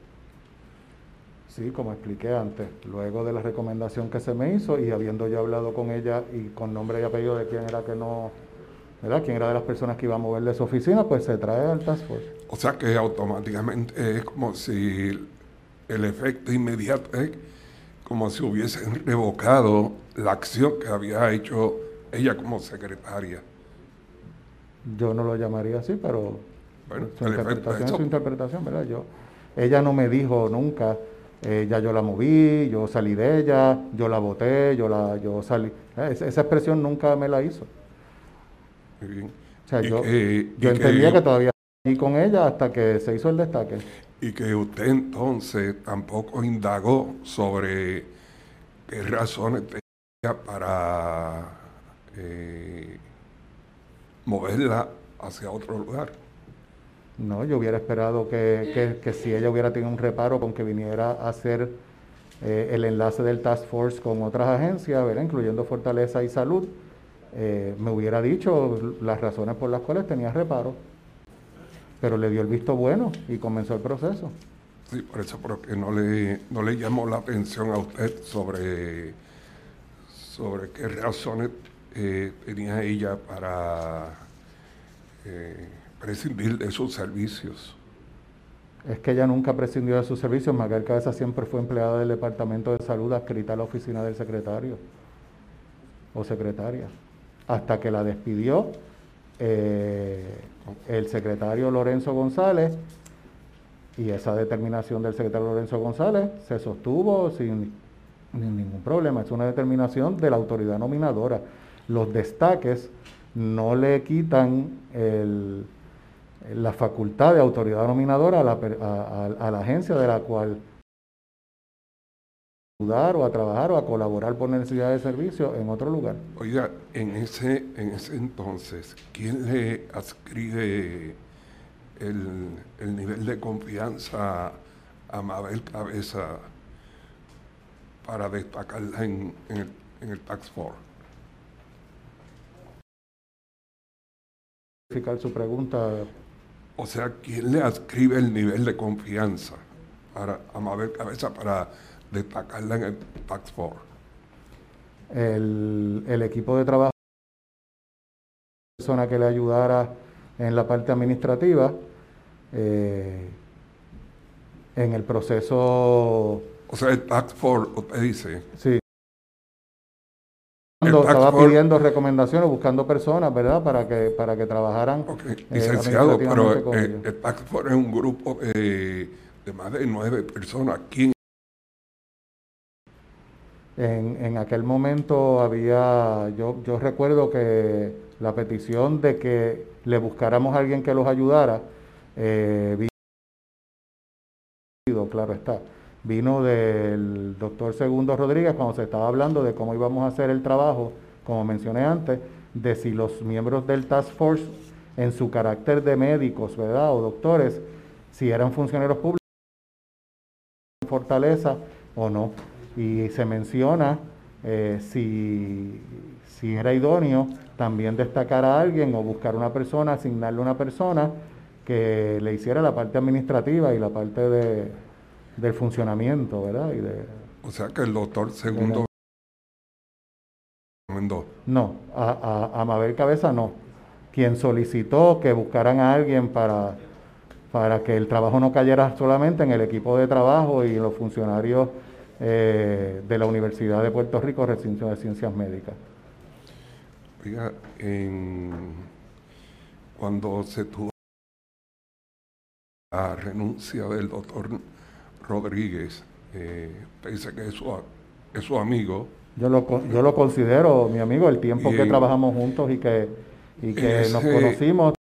Sí, como expliqué antes, luego de la recomendación que se me hizo y habiendo yo hablado con ella y con nombre y apellido de quién era que no, ¿verdad? Quién era de las personas que iba a mover de su oficina, pues se trae al Task Force. O sea que automáticamente es como si el efecto inmediato es como si hubiesen revocado la acción que había hecho ella como secretaria. Yo no lo llamaría así, pero Bueno, su el efecto de interpretación es su eso, interpretación, ¿verdad? Yo, ella no me dijo nunca, eh, ya yo la moví, yo salí de ella, yo la voté, yo la, yo salí. Eh, esa, esa expresión nunca me la hizo. muy bien. O sea, Y yo, que, yo y entendía que que, todavía estaba allí con ella hasta que se hizo el destaque. y que usted entonces tampoco indagó sobre qué razones tenía para eh, moverla hacia otro lugar. No, yo hubiera esperado que, que, que si ella hubiera tenido un reparo con que viniera a hacer eh, el enlace del Task Force con otras agencias, ¿verdad? Incluyendo Fortaleza y Salud, eh, me hubiera dicho las razones por las cuales tenía reparo, pero le dio el visto bueno y comenzó el proceso. Sí, por eso, pero que no le, no le llamó la atención a usted sobre, sobre qué razones eh, tenía ella para eh, prescindir de sus servicios. Es que ella nunca prescindió de sus servicios, Magal Cabeza siempre fue empleada del Departamento de Salud adscrita a la oficina del secretario o secretaria, hasta que la despidió eh, el secretario Lorenzo González, y esa determinación del secretario Lorenzo González se sostuvo sin, sin ningún problema. Es una determinación de la autoridad nominadora. Los destaques no le quitan el, la facultad de autoridad nominadora a la, a, a, a la agencia de la cual ayudar o a trabajar o a colaborar por necesidad de servicio en otro lugar. Oiga, en ese, en ese entonces, ¿quién le adscribe el, el nivel de confianza a Mabel Cabeza para destacarla en, en el, en el Tax Force? Su pregunta. O sea, ¿quién le adscribe el nivel de confianza para, a Mabel Cabeza para destacarla en el Tax Force? El, el equipo de trabajo, persona que le ayudara en la parte administrativa, eh, en el proceso. O sea, el Tax Force, usted dice, Sí, el cuando Tax estaba Force, pidiendo recomendaciones, buscando personas, ¿verdad? Para que, para que trabajaran ok, eh, licenciado, administrativamente pero con eh, ellos. el Tax Force es un grupo eh, de más de nueve personas. ¿Quién? En, en aquel momento había, yo, yo recuerdo que la petición de que le buscáramos a alguien que los ayudara, eh, vino, claro está, vino del doctor Segundo Rodríguez cuando se estaba hablando de cómo íbamos a hacer el trabajo como mencioné antes, de si los miembros del Task Force, en su carácter de médicos, ¿verdad?, o doctores, si eran funcionarios públicos, Fortaleza o no. Y se menciona eh, si, si era idóneo también destacar a alguien o buscar una persona, asignarle una persona que le hiciera la parte administrativa y la parte de, del funcionamiento, ¿verdad? Y de, o sea que el doctor segundo recomendó. No, a, a, a Mabel Cabeza no. Quien solicitó que buscaran a alguien para, para que el trabajo no cayera solamente en el equipo de trabajo y los funcionarios eh, de la Universidad de Puerto Rico, recinto de ciencias médicas. Oiga, en, cuando se tuvo la renuncia del doctor Rodríguez, eh, dice que es su, es su amigo. Yo lo, yo lo considero mi amigo, el tiempo que en, trabajamos juntos y que, y que ese, nos conocimos,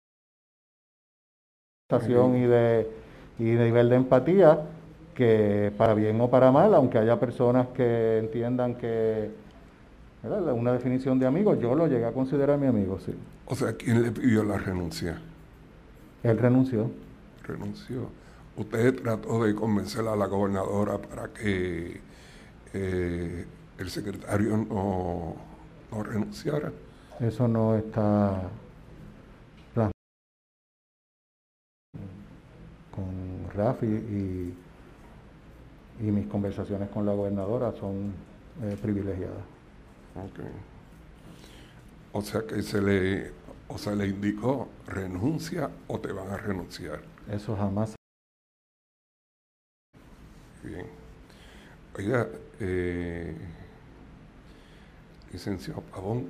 eh, y de, y de nivel de empatía, que para bien o para mal, aunque haya personas que entiendan que, ¿verdad?, una definición de amigo, yo lo llegué a considerar mi amigo, sí. O sea, ¿quién le pidió la renuncia? Él renunció. Renunció. Usted trató de convencer a la gobernadora para que eh, el secretario no, no renunciara. Eso no está plasmado con Rafi, y, y mis conversaciones con la gobernadora son eh, privilegiadas. Okay. O sea que se le, o se le indicó renuncia o te van a renunciar. Eso jamás. Bien. Oiga, eh, licenciado Pavón,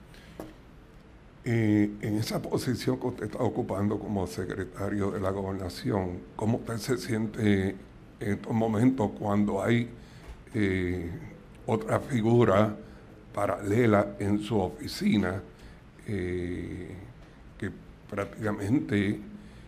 eh, en esa posición que usted está ocupando como secretario de la gobernación, ¿cómo usted se siente en estos momentos cuando hay eh, otra figura paralela en su oficina eh, que prácticamente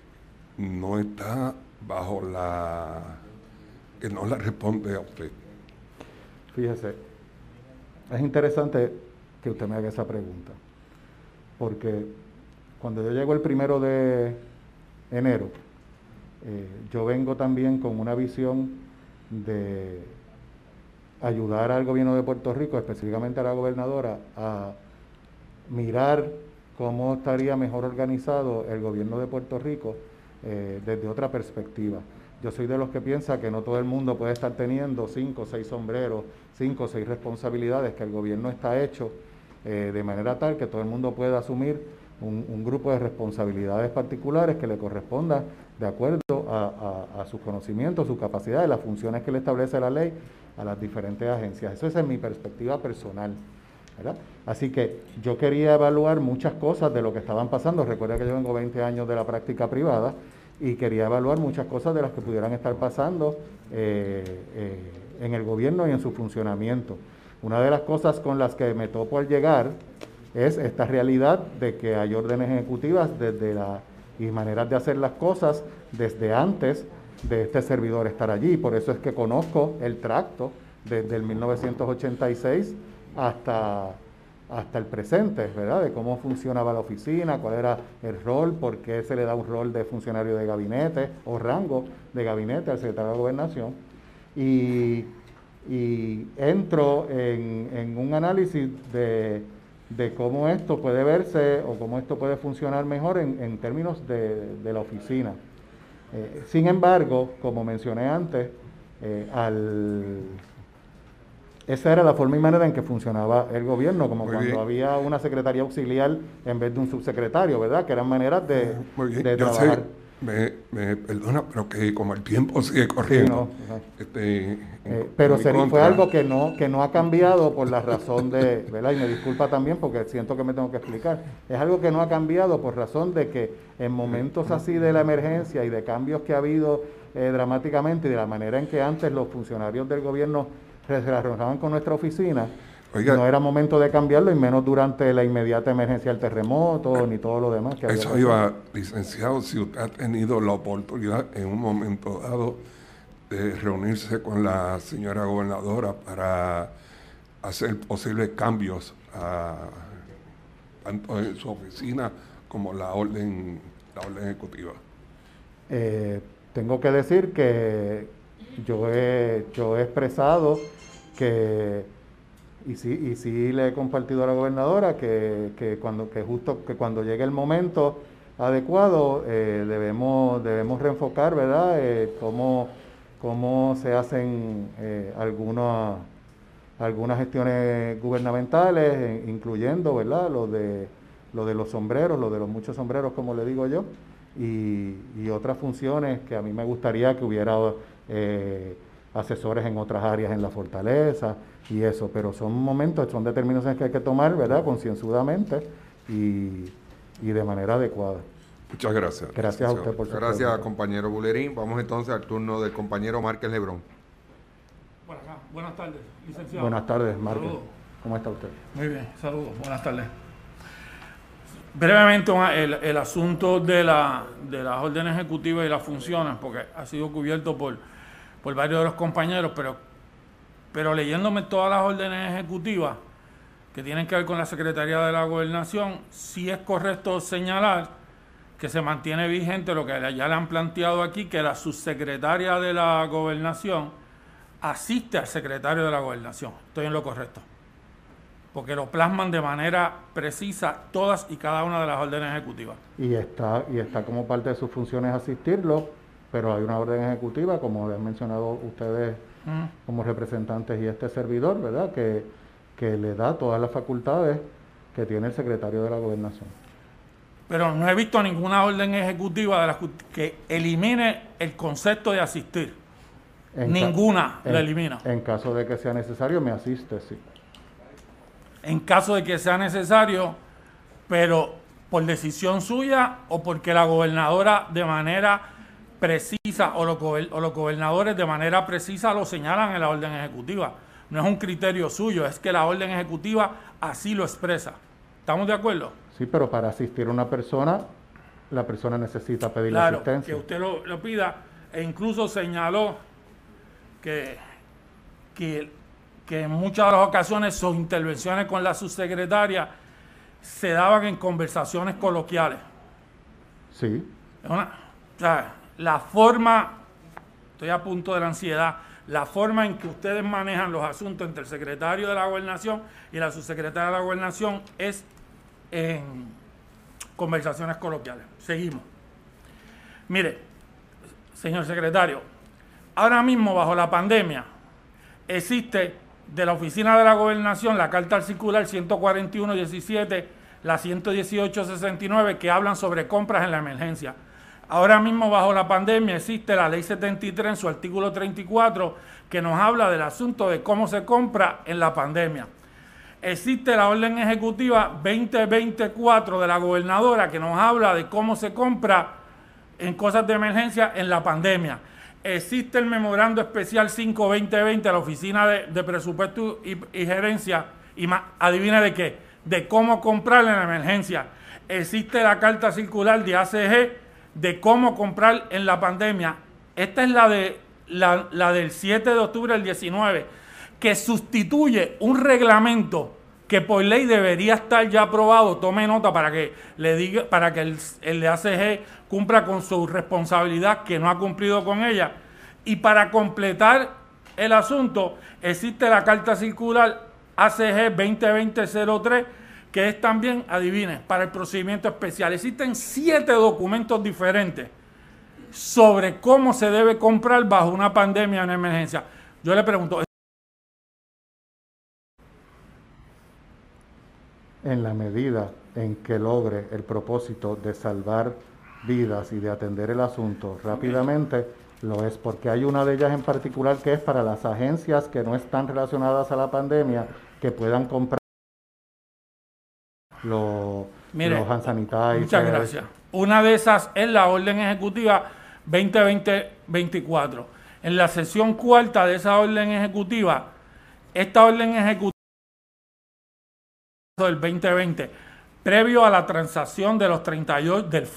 no está bajo la... que no le responde a usted? Fíjese, es interesante que usted me haga esa pregunta, porque cuando yo llego el primero de enero, eh, yo vengo también con una visión de ayudar al gobierno de Puerto Rico, específicamente a la gobernadora, a mirar cómo estaría mejor organizado el gobierno de Puerto Rico eh, desde otra perspectiva. Yo soy de los que piensa que no todo el mundo puede estar teniendo cinco o seis sombreros, cinco o seis responsabilidades, que el gobierno está hecho eh, de manera tal que todo el mundo pueda asumir un, un grupo de responsabilidades particulares que le correspondan de acuerdo a, a, a sus conocimientos, sus capacidades, las funciones que le establece la ley a las diferentes agencias. Eso es en mi perspectiva personal, ¿verdad? Así que yo quería evaluar muchas cosas de lo que estaban pasando. Recuerda que yo vengo veinte años de la práctica privada y quería evaluar muchas cosas de las que pudieran estar pasando eh, eh, en el gobierno y en su funcionamiento. Una de las cosas con las que me topo al llegar es esta realidad de que hay órdenes ejecutivas desde la, y maneras de hacer las cosas desde antes de este servidor estar allí. Por eso es que conozco el tracto desde el mil novecientos ochenta y seis hasta, hasta el presente, ¿verdad? De cómo funcionaba la oficina, cuál era el rol, por qué se le da un rol de funcionario de gabinete o rango de gabinete al secretario de Gobernación. Y, y entro en, en un análisis de, de cómo esto puede verse o cómo esto puede funcionar mejor en, en términos de, de la oficina. Eh, sin embargo, como mencioné antes, eh, al, esa era la forma y manera en que funcionaba el gobierno, como Muy cuando bien. había una secretaría auxiliar en vez de un subsecretario, ¿verdad? Que eran maneras de, Muy bien. de Yo trabajar. sé, me, me perdona, pero que como el tiempo sigue Sí, corriendo, no, ajá. este, en- Eh, pero en mi seri- fue contra, algo que no, que no ha cambiado por la razón de, ¿verdad? Y me disculpa también porque siento que me tengo que explicar. Es algo que no ha cambiado por razón de que en momentos así de la emergencia y de cambios que ha habido eh, dramáticamente y de la manera en que antes los funcionarios del gobierno se relacionaban con nuestra oficina, oiga, no era momento de cambiarlo y menos durante la inmediata emergencia del terremoto ni todo lo demás que había eso pasado. iba, licenciado, si usted ha tenido la oportunidad en un momento dado de reunirse con la señora gobernadora para hacer posibles cambios a, tanto en su oficina como la orden, la orden ejecutiva. Eh, tengo que decir que yo he, yo he expresado que, y sí, y sí le he compartido a la gobernadora, que, que, cuando, que justo que cuando llegue el momento adecuado eh, debemos, debemos reenfocar, ¿verdad?, eh, cómo, cómo se hacen eh, algunas, algunas gestiones gubernamentales, eh, incluyendo, ¿verdad?, lo de, lo de los sombreros, lo de los muchos sombreros, como le digo yo, y, y otras funciones que a mí me gustaría que hubiera eh, asesores en otras áreas en la fortaleza y eso, pero son momentos, son determinaciones que hay que tomar, ¿verdad?, concienzudamente y, y de manera adecuada. Muchas gracias. Gracias a usted por su Gracias, pregunta. compañero Bulerín. Vamos entonces al turno del compañero Márquez Lebrón. Bueno, buenas tardes, licenciado. Buenas tardes, Márquez. Saludos. ¿Cómo está usted? Muy bien, saludos, buenas tardes. Brevemente, el, el asunto de, la, de las órdenes ejecutivas y las funciones, porque ha sido cubierto por, por varios de los compañeros, pero, pero leyéndome todas las órdenes ejecutivas que tienen que ver con la Secretaría de la Gobernación, sí es correcto señalar que se mantiene vigente lo que ya le han planteado aquí, que la subsecretaria de la Gobernación asiste al secretario de la Gobernación. Estoy en lo correcto. Porque lo plasman de manera precisa todas y cada una de las órdenes ejecutivas. Y está, y está como parte de sus funciones asistirlo, pero hay una orden ejecutiva, como han mencionado ustedes mm. como representantes y este servidor, ¿verdad?, que, que le da todas las facultades que tiene el secretario de la Gobernación. Pero no he visto ninguna orden ejecutiva de la que elimine el concepto de asistir. En Ninguna ca- la en, elimina. En caso de que sea necesario, me asiste, sí. En caso de que sea necesario, pero por decisión suya o porque la gobernadora de manera precisa o los, o los gobernadores de manera precisa lo señalan en la orden ejecutiva. No es un criterio suyo, es que la orden ejecutiva así lo expresa. ¿Estamos de acuerdo? Sí, pero para asistir a una persona, la persona necesita pedir claro, asistencia. Que usted lo, lo pida, e incluso señaló que, que, que en muchas de las ocasiones sus intervenciones con la subsecretaria se daban en conversaciones coloquiales. Sí. Una, o sea, la forma, estoy a punto de la ansiedad, la forma en que ustedes manejan los asuntos entre el secretario de la Gobernación y la subsecretaria de la Gobernación es en conversaciones coloquiales. Seguimos. Mire, señor secretario, ahora mismo bajo la pandemia existe de la Oficina de la Gobernación la Carta Circular ciento cuarenta y uno diecisiete, la ciento dieciocho sesenta y nueve, que hablan sobre compras en la emergencia. Ahora mismo bajo la pandemia existe la Ley setenta y tres en su artículo treinta y cuatro, que nos habla del asunto de cómo se compra en la pandemia. Existe la orden ejecutiva veinte veinticuatro de la gobernadora, que nos habla de cómo se compra en cosas de emergencia en la pandemia. Existe el memorando especial cinco veinte veinte de la Oficina de, de Presupuesto y, y Gerencia, y más, adivina de qué, de cómo comprar en la emergencia. Existe la carta circular de A C G de cómo comprar en la pandemia. Esta es la, de, la, la del siete de octubre del diecinueve, que sustituye un reglamento que por ley debería estar ya aprobado. Tome nota para que le diga, para que el, el de A C G cumpla con su responsabilidad, que no ha cumplido con ella. Y para completar el asunto, existe la carta circular A C G veinte veinte cero tres, que es también, adivine, para el procedimiento especial. Existen siete documentos diferentes sobre cómo se debe comprar bajo una pandemia o una emergencia. Yo le pregunto, en la medida en que logre el propósito de salvar vidas y de atender el asunto rápidamente, lo es, porque hay una de ellas en particular que es para las agencias que no están relacionadas a la pandemia, que puedan comprar los, Mire, los hand sanitizers. Muchas gracias. Una de esas es la orden ejecutiva veinte veinte veinticuatro. En la sección cuarta de esa orden ejecutiva, esta orden ejecutiva del veinte veinte, previo a la transacción de los treinta y ocho, del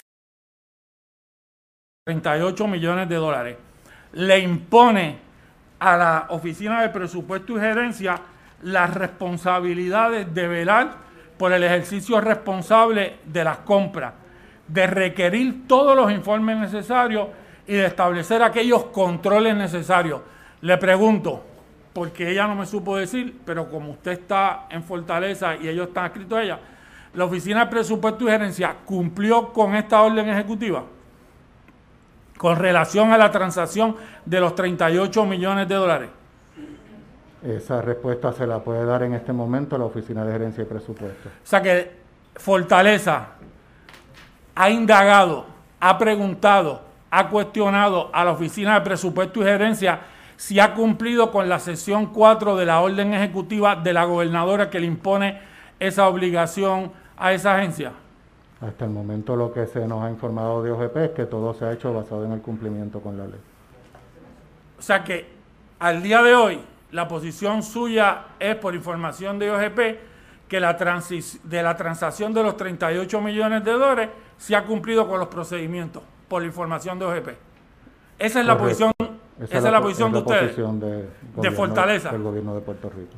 treinta y ocho millones de dólares, le impone a la Oficina de Presupuesto y Gerencia las responsabilidades de velar por el ejercicio responsable de las compras, de requerir todos los informes necesarios y de establecer aquellos controles necesarios. Le pregunto, porque ella no me supo decir, pero como usted está en Fortaleza y ellos están adscritos a ella, ¿la Oficina de Presupuesto y Gerencia cumplió con esta orden ejecutiva con relación a la transacción de los treinta y ocho millones de dólares? Esa respuesta se la puede dar en este momento la Oficina de Gerencia y Presupuesto. O sea que Fortaleza ha indagado, ha preguntado, ha cuestionado a la Oficina de Presupuesto y Gerencia si ha cumplido con la sección cuatro de la orden ejecutiva de la gobernadora que le impone esa obligación a esa agencia. Hasta el momento lo que se nos ha informado de O G P es que todo se ha hecho basado en el cumplimiento con la ley. O sea que al día de hoy la posición suya es, por información de O G P, que la transis, de la transacción de los treinta y ocho millones de dólares se ha cumplido con los procedimientos, por la información de O G P. Esa es la posición, esa, esa es la, la posición es de la ustedes, posición de, gobierno, de Fortaleza. Del gobierno de Puerto Rico.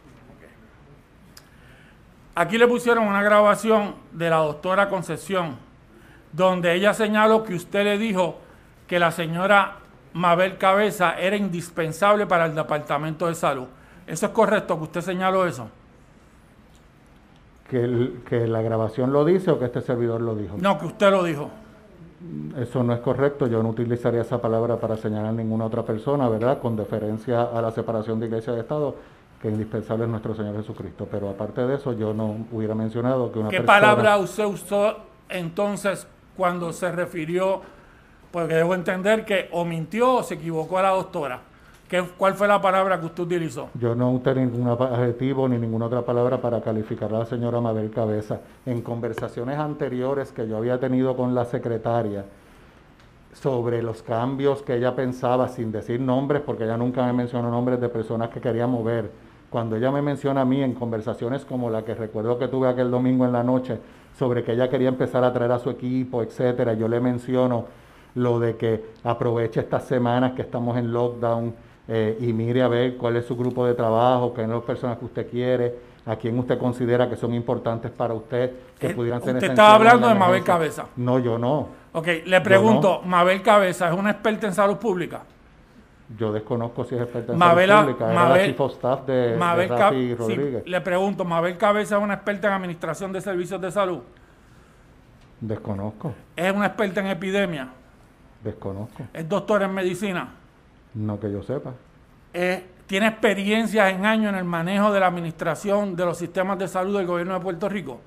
Aquí le pusieron una grabación de la doctora Concepción, donde ella señaló que usted le dijo que la señora Mabel Cabeza era indispensable para el Departamento de Salud. ¿Eso es correcto, que usted señaló eso? ¿Que, el, ¿Que la grabación lo dice o que este servidor lo dijo? No, que usted lo dijo. Eso no es correcto. Yo no utilizaría esa palabra para señalar a ninguna otra persona, ¿verdad? Con deferencia a la separación de Iglesia y de Estado, que indispensable es nuestro Señor Jesucristo. Pero aparte de eso, yo no hubiera mencionado que una ¿Qué persona... palabra usted usó entonces cuando se refirió, porque debo entender que o mintió o se equivocó a la doctora? ¿Qué, ¿Cuál fue la palabra que usted utilizó? Yo no usé ningún adjetivo ni ninguna otra palabra para calificar a la señora Mabel Cabeza. En conversaciones anteriores que yo había tenido con la secretaria sobre los cambios que ella pensaba, sin decir nombres, porque ella nunca me mencionó nombres de personas que quería mover. Cuando ella me menciona a mí en conversaciones como la que recuerdo que tuve aquel domingo en la noche, sobre que ella quería empezar a traer a su equipo, etcétera, yo le menciono lo de que aproveche estas semanas que estamos en lockdown eh, y mire a ver cuál es su grupo de trabajo, qué son las personas que usted quiere, a quién usted considera que son importantes para usted, que eh, pudieran ser... Usted estaba hablando de Mabel Cabeza. No, yo no. Ok, le pregunto, no. ¿Mabel Cabeza es una experta en salud pública? Yo desconozco si es experta en Mabel, salud pública. Era Mabel, la chief of staff de, Mabel de Rafi Rodríguez. Sí, le pregunto, ¿Mabel Cabeza es una experta en administración de servicios de salud? Desconozco. ¿Es una experta en epidemia? Desconozco. ¿Es doctora en medicina? No que yo sepa. Eh, ¿Tiene experiencias en años en el manejo de la administración de los sistemas de salud del gobierno de Puerto Rico?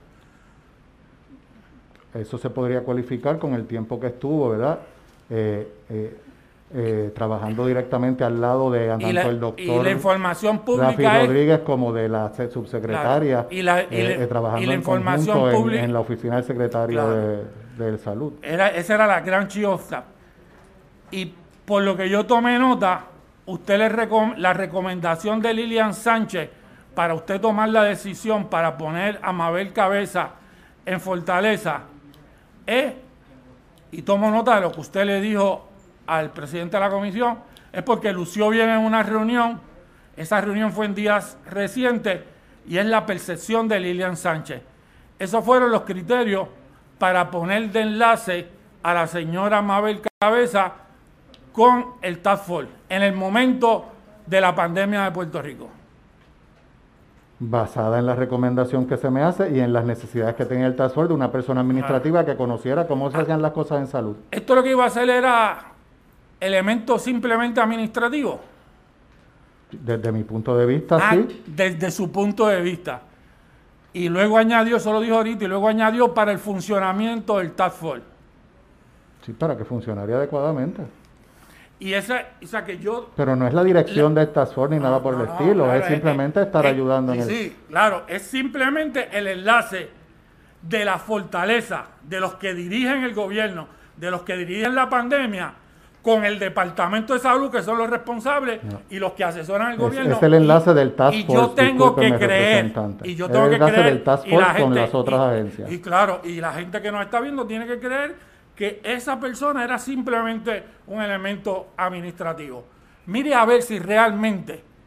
Eso se podría cualificar con el tiempo que estuvo, ¿verdad? Eh, eh, eh, trabajando directamente al lado de tanto la, el doctor y la información pública Rafi es, Rodríguez como de la subsecretaria, claro, y la, y eh, le, eh, trabajando y la en información conjunto pública, en, en la oficina del secretario claro, de, de salud. Era, esa era la gran chief of staff. Y por lo que yo tomé nota, usted le recom la recomendación de Lilian Sánchez para usted tomar la decisión para poner a Mabel Cabeza en Fortaleza es, y tomo nota de lo que usted le dijo al presidente de la comisión, es porque lució bien en una reunión, esa reunión fue en días recientes, y es la percepción de Lilian Sánchez. Esos fueron los criterios para poner de enlace a la señora Mabel Cabeza con el Task Force en el momento de la pandemia de Puerto Rico. Basada en la recomendación que se me hace y en las necesidades que tenía el Task Force de una persona administrativa que conociera cómo se hacían las cosas en salud. Esto lo que iba a hacer era elemento simplemente administrativo. Desde mi punto de vista, ah, sí. Desde su punto de vista. Y luego añadió, eso lo dijo ahorita, y luego añadió para el funcionamiento del Task Force. Sí, para que funcionaría adecuadamente. Y esa, o sea que yo... Pero no es la dirección la, de Task Force ni no, nada por no, el no, estilo, claro, es simplemente es, estar es, ayudando sí, en el... Sí, claro, es simplemente el enlace de la fortaleza de los que dirigen el gobierno, de los que dirigen la pandemia, con el Departamento de Salud, que son los responsables, no. y los que asesoran al es, gobierno. Es el enlace y, del Task Force, y yo tengo que creer, y yo tengo el que enlace creer, del Task Force y la gente, con las otras y, agencias. Y claro, y la gente que nos está viendo tiene que creer que esa persona era simplemente un elemento administrativo. Mire a ver si realmente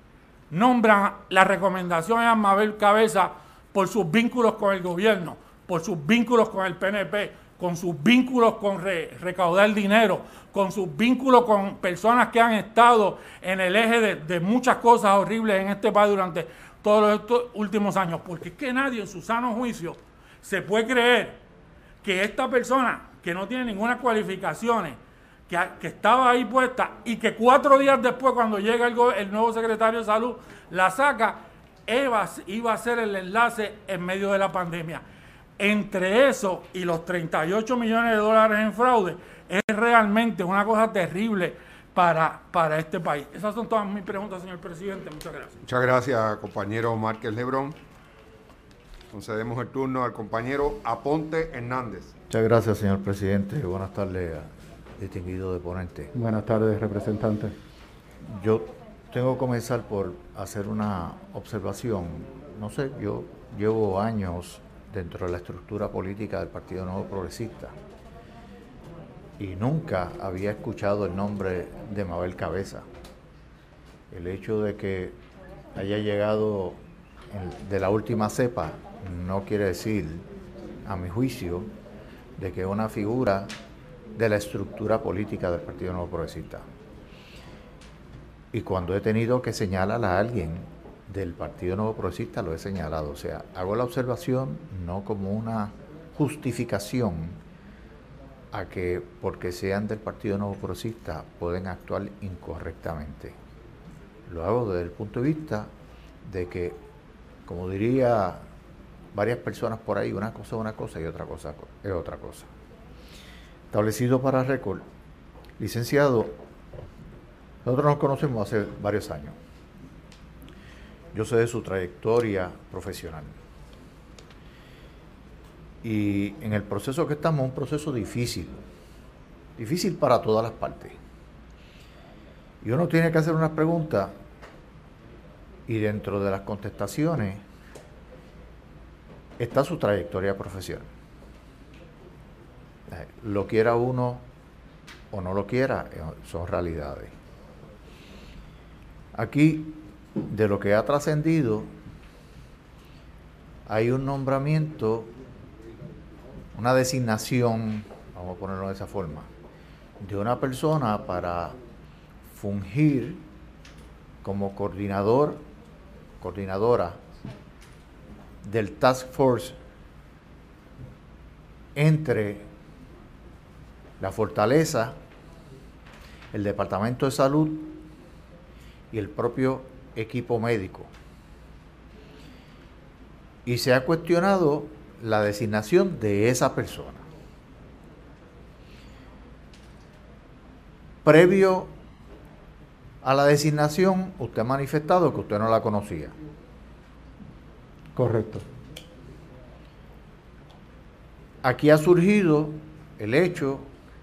nombran la recomendación a Mabel Cabeza por sus vínculos con el gobierno, por sus vínculos con el P N P, con sus vínculos con re, recaudar dinero, con sus vínculos con personas que han estado en el eje de, de muchas cosas horribles en este país durante todos estos últimos años. Porque es que nadie en su sano juicio se puede creer que esta persona que no tiene ninguna cualificaciones, que, que estaba ahí puesta y que cuatro días después, cuando llega el, el nuevo secretario de Salud, la saca, iba, iba a ser el enlace en medio de la pandemia. Entre eso y los treinta y ocho millones de dólares en fraude, es realmente una cosa terrible para, para este país. Esas son todas mis preguntas, señor presidente. Muchas gracias. Muchas gracias, compañero Márquez Lebrón. Concedemos el turno al compañero Aponte Hernández. Muchas gracias, señor presidente. Buenas tardes, distinguido deponente. Buenas tardes, representante. Yo tengo que comenzar por hacer una observación. No sé, yo llevo años dentro de la estructura política del Partido Nuevo Progresista y nunca había escuchado el nombre de Mabel Cabeza. El hecho de que haya llegado de la última cepa no quiere decir, a mi juicio, de que es una figura de la estructura política del Partido Nuevo Progresista. Y cuando he tenido que señalar a alguien del Partido Nuevo Progresista, lo he señalado. O sea, hago la observación no como una justificación a que porque sean del Partido Nuevo Progresista pueden actuar incorrectamente. Lo hago desde el punto de vista de que, como diría varias personas por ahí, una cosa es una cosa y otra cosa es otra cosa. Establecido para récord, licenciado, nosotros nos conocemos hace varios años. Yo sé de su trayectoria profesional. Y en el proceso que estamos, un proceso difícil, difícil para todas las partes. Y uno tiene que hacer unas preguntas y dentro de las contestaciones está su trayectoria profesional. Lo quiera uno o no lo quiera, son realidades. Aquí, de lo que ha trascendido, hay un nombramiento, una designación, vamos a ponerlo de esa forma, de una persona para fungir como coordinador, coordinadora del Task Force entre la Fortaleza, el Departamento de Salud y el propio equipo médico. Y se ha cuestionado la designación de esa persona. Previo a la designación, usted ha manifestado que usted no la conocía. Correcto. Aquí ha surgido el hecho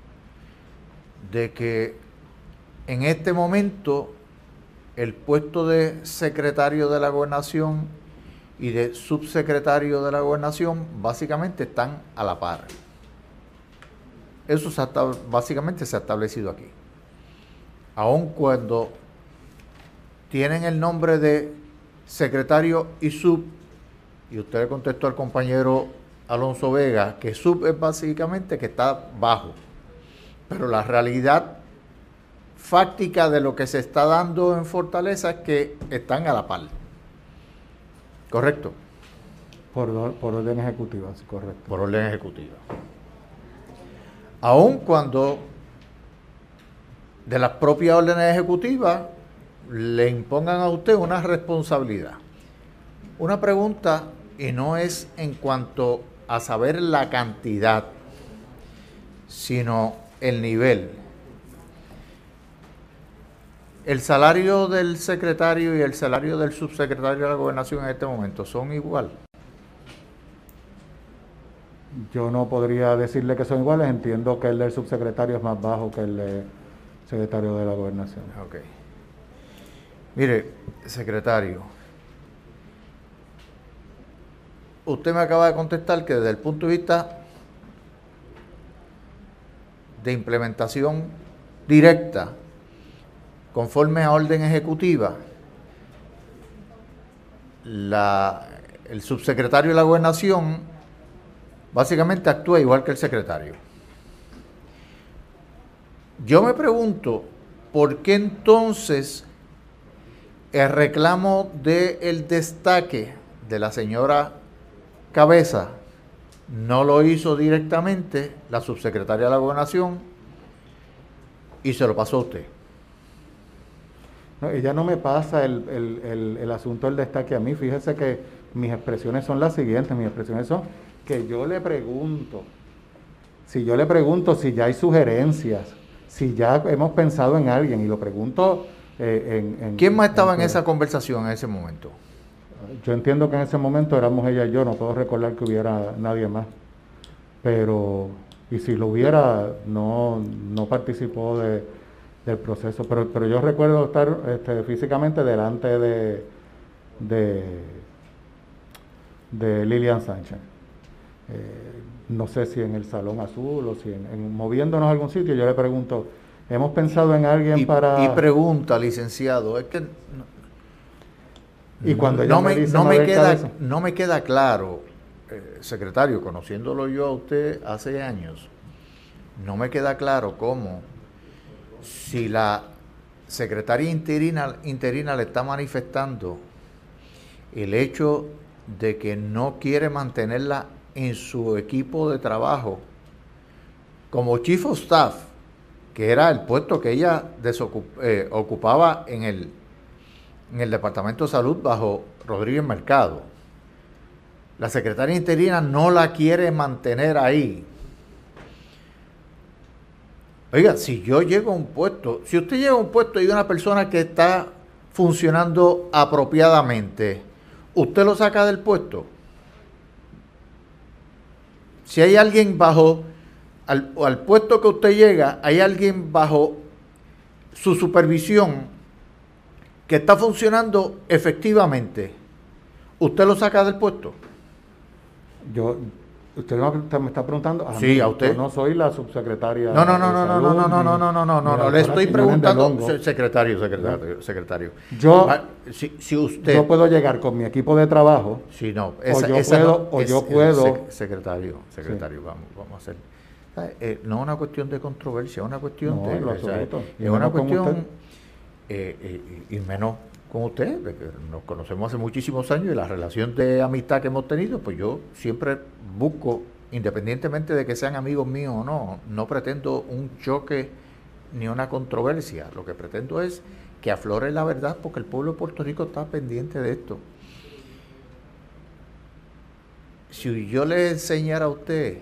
de que en este momento el puesto de secretario de la Gobernación y de subsecretario de la Gobernación básicamente están a la par. Eso se ha, básicamente se ha establecido aquí. Aun cuando tienen el nombre de secretario y sub, y usted le contestó al compañero Alonso Vega que sub es básicamente que está bajo, pero la realidad fáctica de lo que se está dando en Fortaleza es que están a la par. ¿Correcto? Por, por orden ejecutiva, sí, correcto. Por orden ejecutiva. Aun cuando de las propias órdenes ejecutivas le impongan a usted una responsabilidad. Una pregunta, y no es en cuanto a saber la cantidad, sino el nivel. ¿El salario del secretario y el salario del subsecretario de la Gobernación en este momento son igual? Yo no podría decirle que son iguales. Entiendo que el del subsecretario es más bajo que el del secretario de la Gobernación. Ok. Mire, secretario, usted me acaba de contestar que desde el punto de vista de implementación directa, conforme a orden ejecutiva, la, el subsecretario de la Gobernación básicamente actúa igual que el secretario. Yo me pregunto, ¿por qué entonces el reclamo del destaque de la señora Cabeza no lo hizo directamente la subsecretaria de la Gobernación y se lo pasó a usted? No, ella no me pasa el, el, el, el asunto del destaque a mí. Fíjese que mis expresiones son las siguientes. Mis expresiones son que yo le pregunto, si yo le pregunto si ya hay sugerencias, si ya hemos pensado en alguien, y lo pregunto eh, en, en... ¿Quién más estaba en, en esa conversación en ese momento? Yo entiendo que en ese momento éramos ella y yo, no puedo recordar que hubiera nadie más. Pero, y si lo hubiera, no, no participó de, del proceso. Pero, pero yo recuerdo estar este, físicamente delante de, de, de Lilian Sánchez. Eh, no sé si en el Salón Azul o si en, en moviéndonos a algún sitio, yo le pregunto, ¿hemos pensado en alguien y, para...? Y pregunta, licenciado, es que... Y cuando ella no me, me, dice no me queda Cabeza, no me queda claro, eh, secretario, conociéndolo yo a usted hace años, no me queda claro cómo, si la secretaria interina, interina le está manifestando el hecho de que no quiere mantenerla en su equipo de trabajo como chief of staff, que era el puesto que ella desocup, eh, ocupaba en el en el Departamento de Salud bajo Rodríguez Mercado. La secretaria interina no la quiere mantener ahí. Oiga, si yo llego a un puesto, si usted llega a un puesto y hay una persona que está funcionando apropiadamente, ¿usted lo saca del puesto? Si hay alguien bajo, al, al puesto que usted llega, hay alguien bajo su supervisión que está funcionando efectivamente, ¿usted lo saca del puesto? Yo, usted me está preguntando a sí, mí, a usted. Yo no soy la subsecretaria. No, no, no, no, no, no, no, no, no, no, no, no, no, no, le estoy preguntando, secretario, secretario, secretario. Yo, si, si usted, yo puedo llegar con mi equipo de trabajo. Sí, no, esa, o yo esa puedo, no, o es, yo puedo. Es, secretario, secretario, sí. vamos, vamos a hacer. Eh, no es una cuestión de controversia, es una cuestión no, de, lo o sea, es una cuestión eh, eh, y menos con usted, de que nos conocemos hace muchísimos años y la relación de amistad que hemos tenido, pues yo siempre busco, independientemente de que sean amigos míos o no, no pretendo un choque ni una controversia, lo que pretendo es que aflore la verdad porque el pueblo de Puerto Rico está pendiente de esto. Si yo le enseñara a usted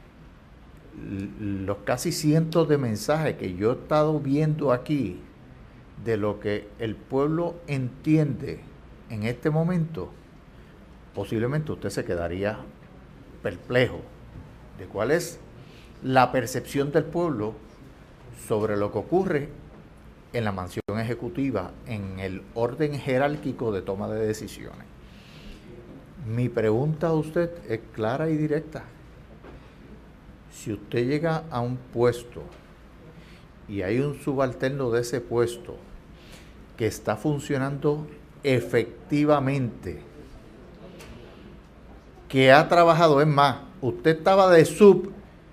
los casi cientos de mensajes que yo he estado viendo aquí de lo que el pueblo entiende en este momento, posiblemente usted se quedaría perplejo de cuál es la percepción del pueblo sobre lo que ocurre en la mansión ejecutiva, en el orden jerárquico de toma de decisiones. Mi pregunta a usted es clara y directa. Si usted llega a un puesto y hay un subalterno de ese puesto que está funcionando efectivamente, que ha trabajado, es más, usted estaba de sub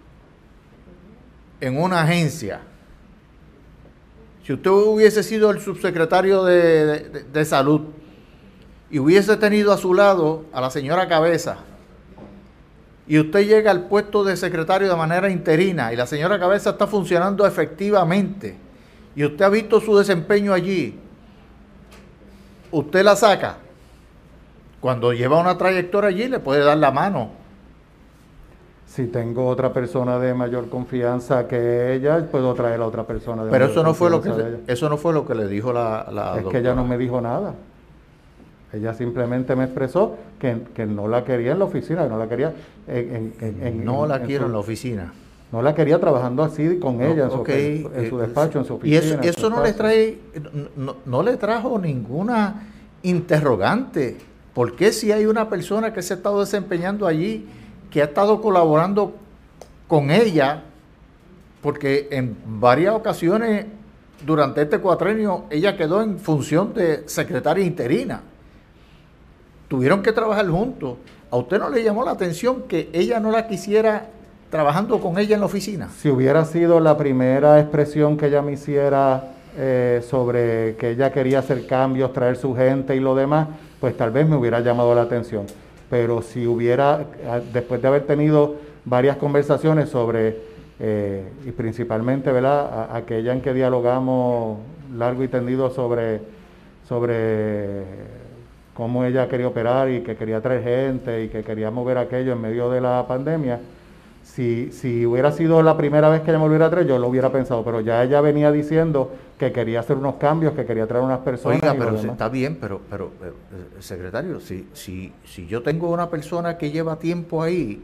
en una agencia, si usted hubiese sido el subsecretario de, de, de salud y hubiese tenido a su lado a la señora Cabeza, y usted llega al puesto de secretario de manera interina y la señora Cabeza está funcionando efectivamente y usted ha visto su desempeño allí, usted la saca. Cuando lleva una trayectoria allí le puede dar la mano. Si tengo otra persona de mayor confianza que ella, puedo traer a otra persona de Pero mayor eso no fue lo que confianza se, eso no fue lo que le dijo la, la Es doctora. que ella no me dijo nada. Ella simplemente me expresó que, que no la quería en la oficina, que no la quería en, en, en no en, la en quiero su, en la oficina. No la quería trabajando así con no, ella en, okay, su, en su eh, despacho, en su oficina. Y eso, en eso no le trae, no, no le trajo ninguna interrogante. ¿Por qué si hay una persona que se ha estado desempeñando allí, que ha estado colaborando con ella? Porque en varias ocasiones durante este cuatrenio ella quedó en función de secretaria interina. tuvieron que trabajar juntos. ¿A usted no le llamó la atención que ella no la quisiera trabajando con ella en la oficina? Si hubiera sido la primera expresión que ella me hiciera eh, sobre que ella quería hacer cambios, traer su gente y lo demás, pues tal vez me hubiera llamado la atención. Pero si hubiera, después de haber tenido varias conversaciones sobre, eh, y principalmente, ¿verdad?, a, aquella en que dialogamos largo y tendido sobre, sobre cómo ella quería operar y que quería traer gente y que quería mover aquello en medio de la pandemia, si, si hubiera sido la primera vez que ella me volviera a traer, yo lo hubiera pensado, pero ya ella venía diciendo que quería hacer unos cambios, que quería traer unas personas. Oiga, y pero lo si demás. está bien, pero, pero eh, secretario, si, si, si yo tengo una persona que lleva tiempo ahí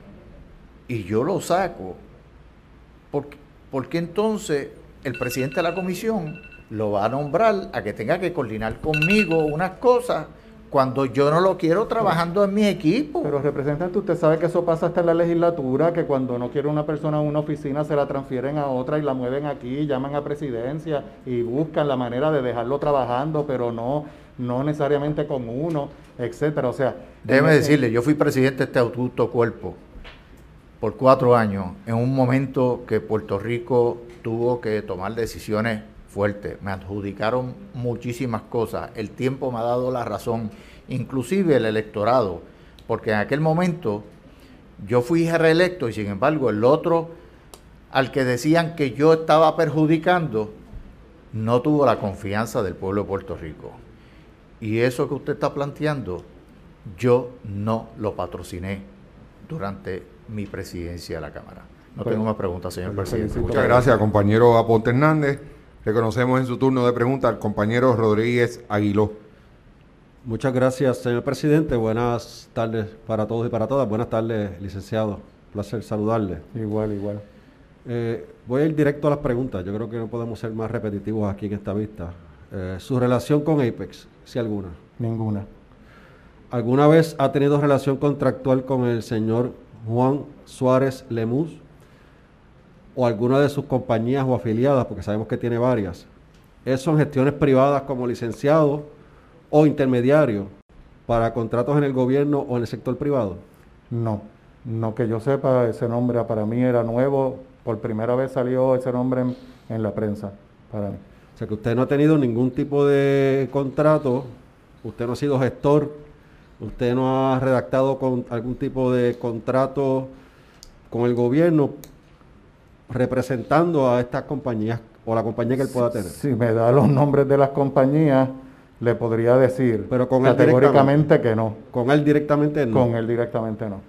y yo lo saco, ¿por, por qué entonces el presidente de la comisión lo va a nombrar a que tenga que coordinar conmigo unas cosas cuando yo no lo quiero trabajando en mi equipo? Pero representante, usted sabe que eso pasa hasta en la legislatura, que cuando no quiere una persona en una oficina se la transfieren a otra y la mueven aquí, llaman a presidencia y buscan la manera de dejarlo trabajando, pero no, no necesariamente con uno, etcétera. O sea, déjeme en, decirle, yo fui presidente de este augusto cuerpo por cuatro años, en un momento que Puerto Rico tuvo que tomar decisiones fuertes. Me adjudicaron muchísimas cosas. El tiempo me ha dado la razón, inclusive el electorado, porque en aquel momento yo fui reelecto y sin embargo el otro al que decían que yo estaba perjudicando no tuvo la confianza del pueblo de Puerto Rico. Y eso que usted está planteando, yo no lo patrociné durante mi presidencia de la Cámara. No Bueno, tengo más preguntas, señor presidente. Muchas gracias, compañero Aponte Hernández. Reconocemos en su turno de pregunta al compañero Rodríguez Aguiló. Muchas gracias, señor presidente. Buenas tardes para todos y para todas. Buenas tardes, licenciado. Un placer saludarle. Igual, igual. Eh, voy a ir directo a las preguntas. Yo creo que no podemos ser más repetitivos aquí en esta vista. Eh, ¿Su relación con Apex, si alguna? Ninguna. ¿Alguna vez ha tenido relación contractual con el señor Juan Suárez Lemus o alguna de sus compañías o afiliadas, porque sabemos que tiene varias? ¿Eso en gestiones privadas como licenciado o intermediario para contratos en el gobierno o en el sector privado? No, no que yo sepa, ese nombre para mí era nuevo, por primera vez salió ese nombre en, en la prensa, para mí. O sea que usted no ha tenido ningún tipo de contrato, usted no ha sido gestor, usted no ha redactado con algún tipo de contrato con el gobierno representando a estas compañías o la compañía que él pueda tener. Si me da los nombres de las compañías, le podría decir Pero con él categóricamente que no. Con él directamente no. Con él directamente no.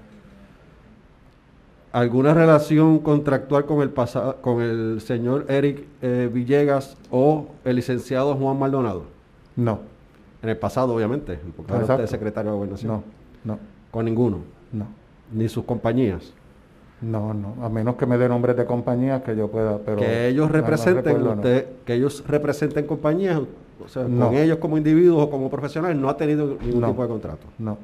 ¿Alguna relación contractual con el pasado, con el señor Eric eh, Villegas o el licenciado Juan Maldonado? No. En el pasado, obviamente, porque ahora usted es secretario de Gobernación. No, no. ¿Con ninguno? No. ¿Ni sus compañías? No, no, a menos que me dé nombres de compañías que yo pueda, pero... Que ellos representen, no, no usted, no. que ellos representen compañías, o sea, no. con ellos como individuos o como profesionales, no ha tenido ningún no. tipo de contrato. No.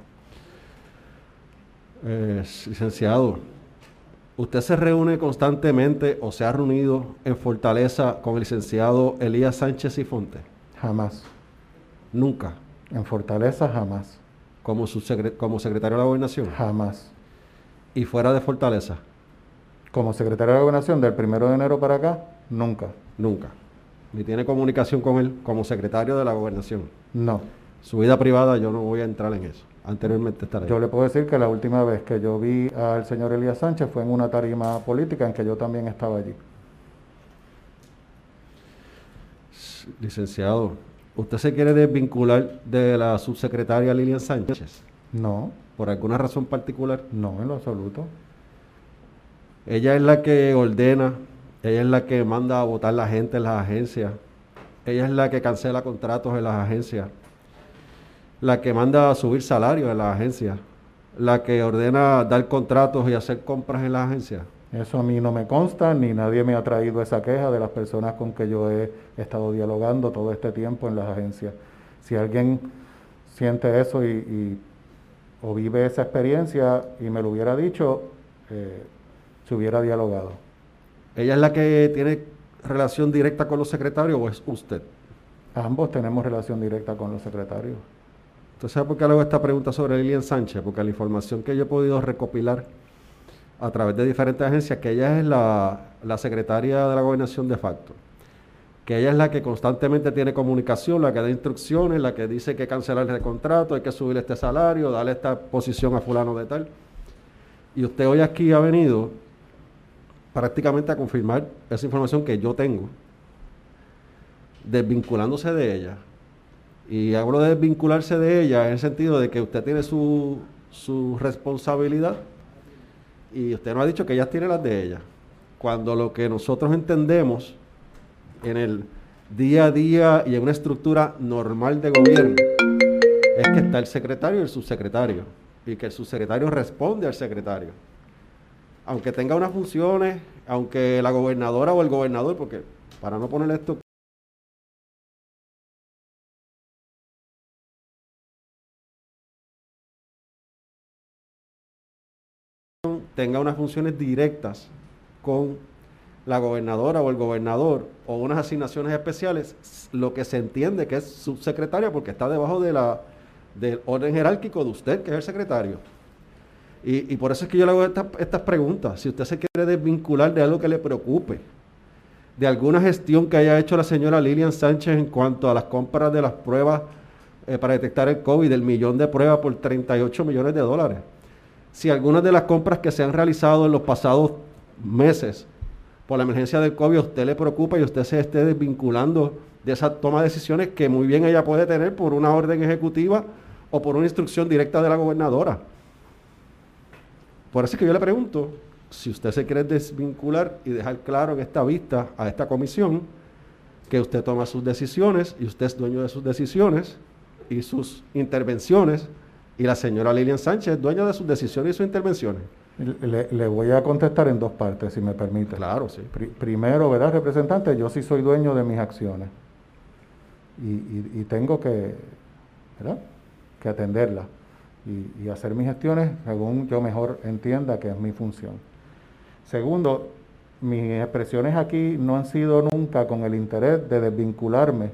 Eh, licenciado, ¿usted se reúne constantemente o se ha reunido en Fortaleza con el licenciado Elías Sánchez y Fonte? Jamás. ¿Nunca? En Fortaleza, jamás. ¿Como, su secre como secretario de la Gobernación? Jamás. ¿Y fuera de Fortaleza? Como secretario de la Gobernación, del primero de enero para acá, nunca. Nunca. ¿Ni tiene comunicación con él como secretario de la Gobernación? No. Su vida privada yo no voy a entrar en eso. Anteriormente estaré. Yo le puedo decir que la última vez que yo vi al señor Elías Sánchez fue en una tarima política en que yo también estaba allí. Licenciado, ¿usted se quiere desvincular de la subsecretaria Lilian Sánchez? No. ¿Por alguna razón particular? No, en lo absoluto. Ella es la que ordena, ella es la que manda a votar la gente en las agencias, ella es la que cancela contratos en las agencias, la que manda a subir salarios en las agencias, la que ordena dar contratos y hacer compras en las agencias. Eso a mí no me consta, ni nadie me ha traído esa queja de las personas con que yo he estado dialogando todo este tiempo en las agencias. Si alguien siente eso y, y o vive esa experiencia y me lo hubiera dicho, eh, se hubiera dialogado. ¿Ella es la que tiene relación directa con los secretarios o es usted? Ambos tenemos relación directa con los secretarios. ¿Usted sabe por qué le hago esta pregunta sobre Lilian Sánchez? Porque la información que yo he podido recopilar a través de diferentes agencias, que ella es la, la secretaria de la gobernación de facto, que ella es la que constantemente tiene comunicación, la que da instrucciones, la que dice que cancelar el contrato, hay que subir este salario, darle esta posición a fulano de tal. Y usted hoy aquí ha venido prácticamente a confirmar esa información que yo tengo, desvinculándose de ella. Y hablo de desvincularse de ella en el sentido de que usted tiene su, su responsabilidad y usted nos ha dicho que ella tiene las de ella. Cuando lo que nosotros entendemos en el día a día y en una estructura normal de gobierno es que está el secretario y el subsecretario y que el subsecretario responde al secretario. Aunque tenga unas funciones, aunque la gobernadora o el gobernador, porque para no poner esto tenga unas funciones directas con la gobernadora o el gobernador o unas asignaciones especiales, lo que se entiende que es subsecretaria porque está debajo de la, del orden jerárquico de usted, que es el secretario. Y, y por eso es que yo le hago esta, estas preguntas. Si usted se quiere desvincular de algo que le preocupe, de alguna gestión que haya hecho la señora Lilian Sánchez en cuanto a las compras de las pruebas eh, para detectar el COVID, el millón de pruebas por treinta y ocho millones de dólares. Si algunas de las compras que se han realizado en los pasados meses por la emergencia del COVID a usted le preocupa y usted se esté desvinculando de esa toma de decisiones que muy bien ella puede tener por una orden ejecutiva o por una instrucción directa de la gobernadora. Por eso es que yo le pregunto, si usted se quiere desvincular y dejar claro en esta vista a esta comisión que usted toma sus decisiones y usted es dueño de sus decisiones y sus intervenciones, y la señora Lilian Sánchez es dueña de sus decisiones y sus intervenciones. Le, le voy a contestar en dos partes, si me permite. Claro, sí. Pri, primero, ¿verdad, representante? Yo sí soy dueño de mis acciones. Y, y, y tengo que, ¿verdad?, que atenderlas y, y hacer mis gestiones según yo mejor entienda que es mi función. Segundo, mis expresiones aquí no han sido nunca con el interés de desvincularme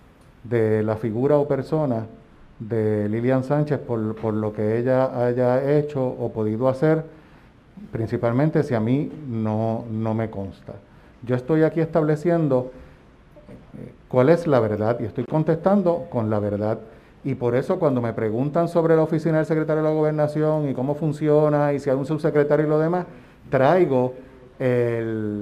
de la figura o persona de Lilian Sánchez por, por lo que ella haya hecho o podido hacer, principalmente si a mí no, no me consta. Yo estoy aquí estableciendo eh, cuál es la verdad y estoy contestando con la verdad. Y por eso cuando me preguntan sobre la oficina del secretario de la Gobernación y cómo funciona y si hay un subsecretario y lo demás, traigo el,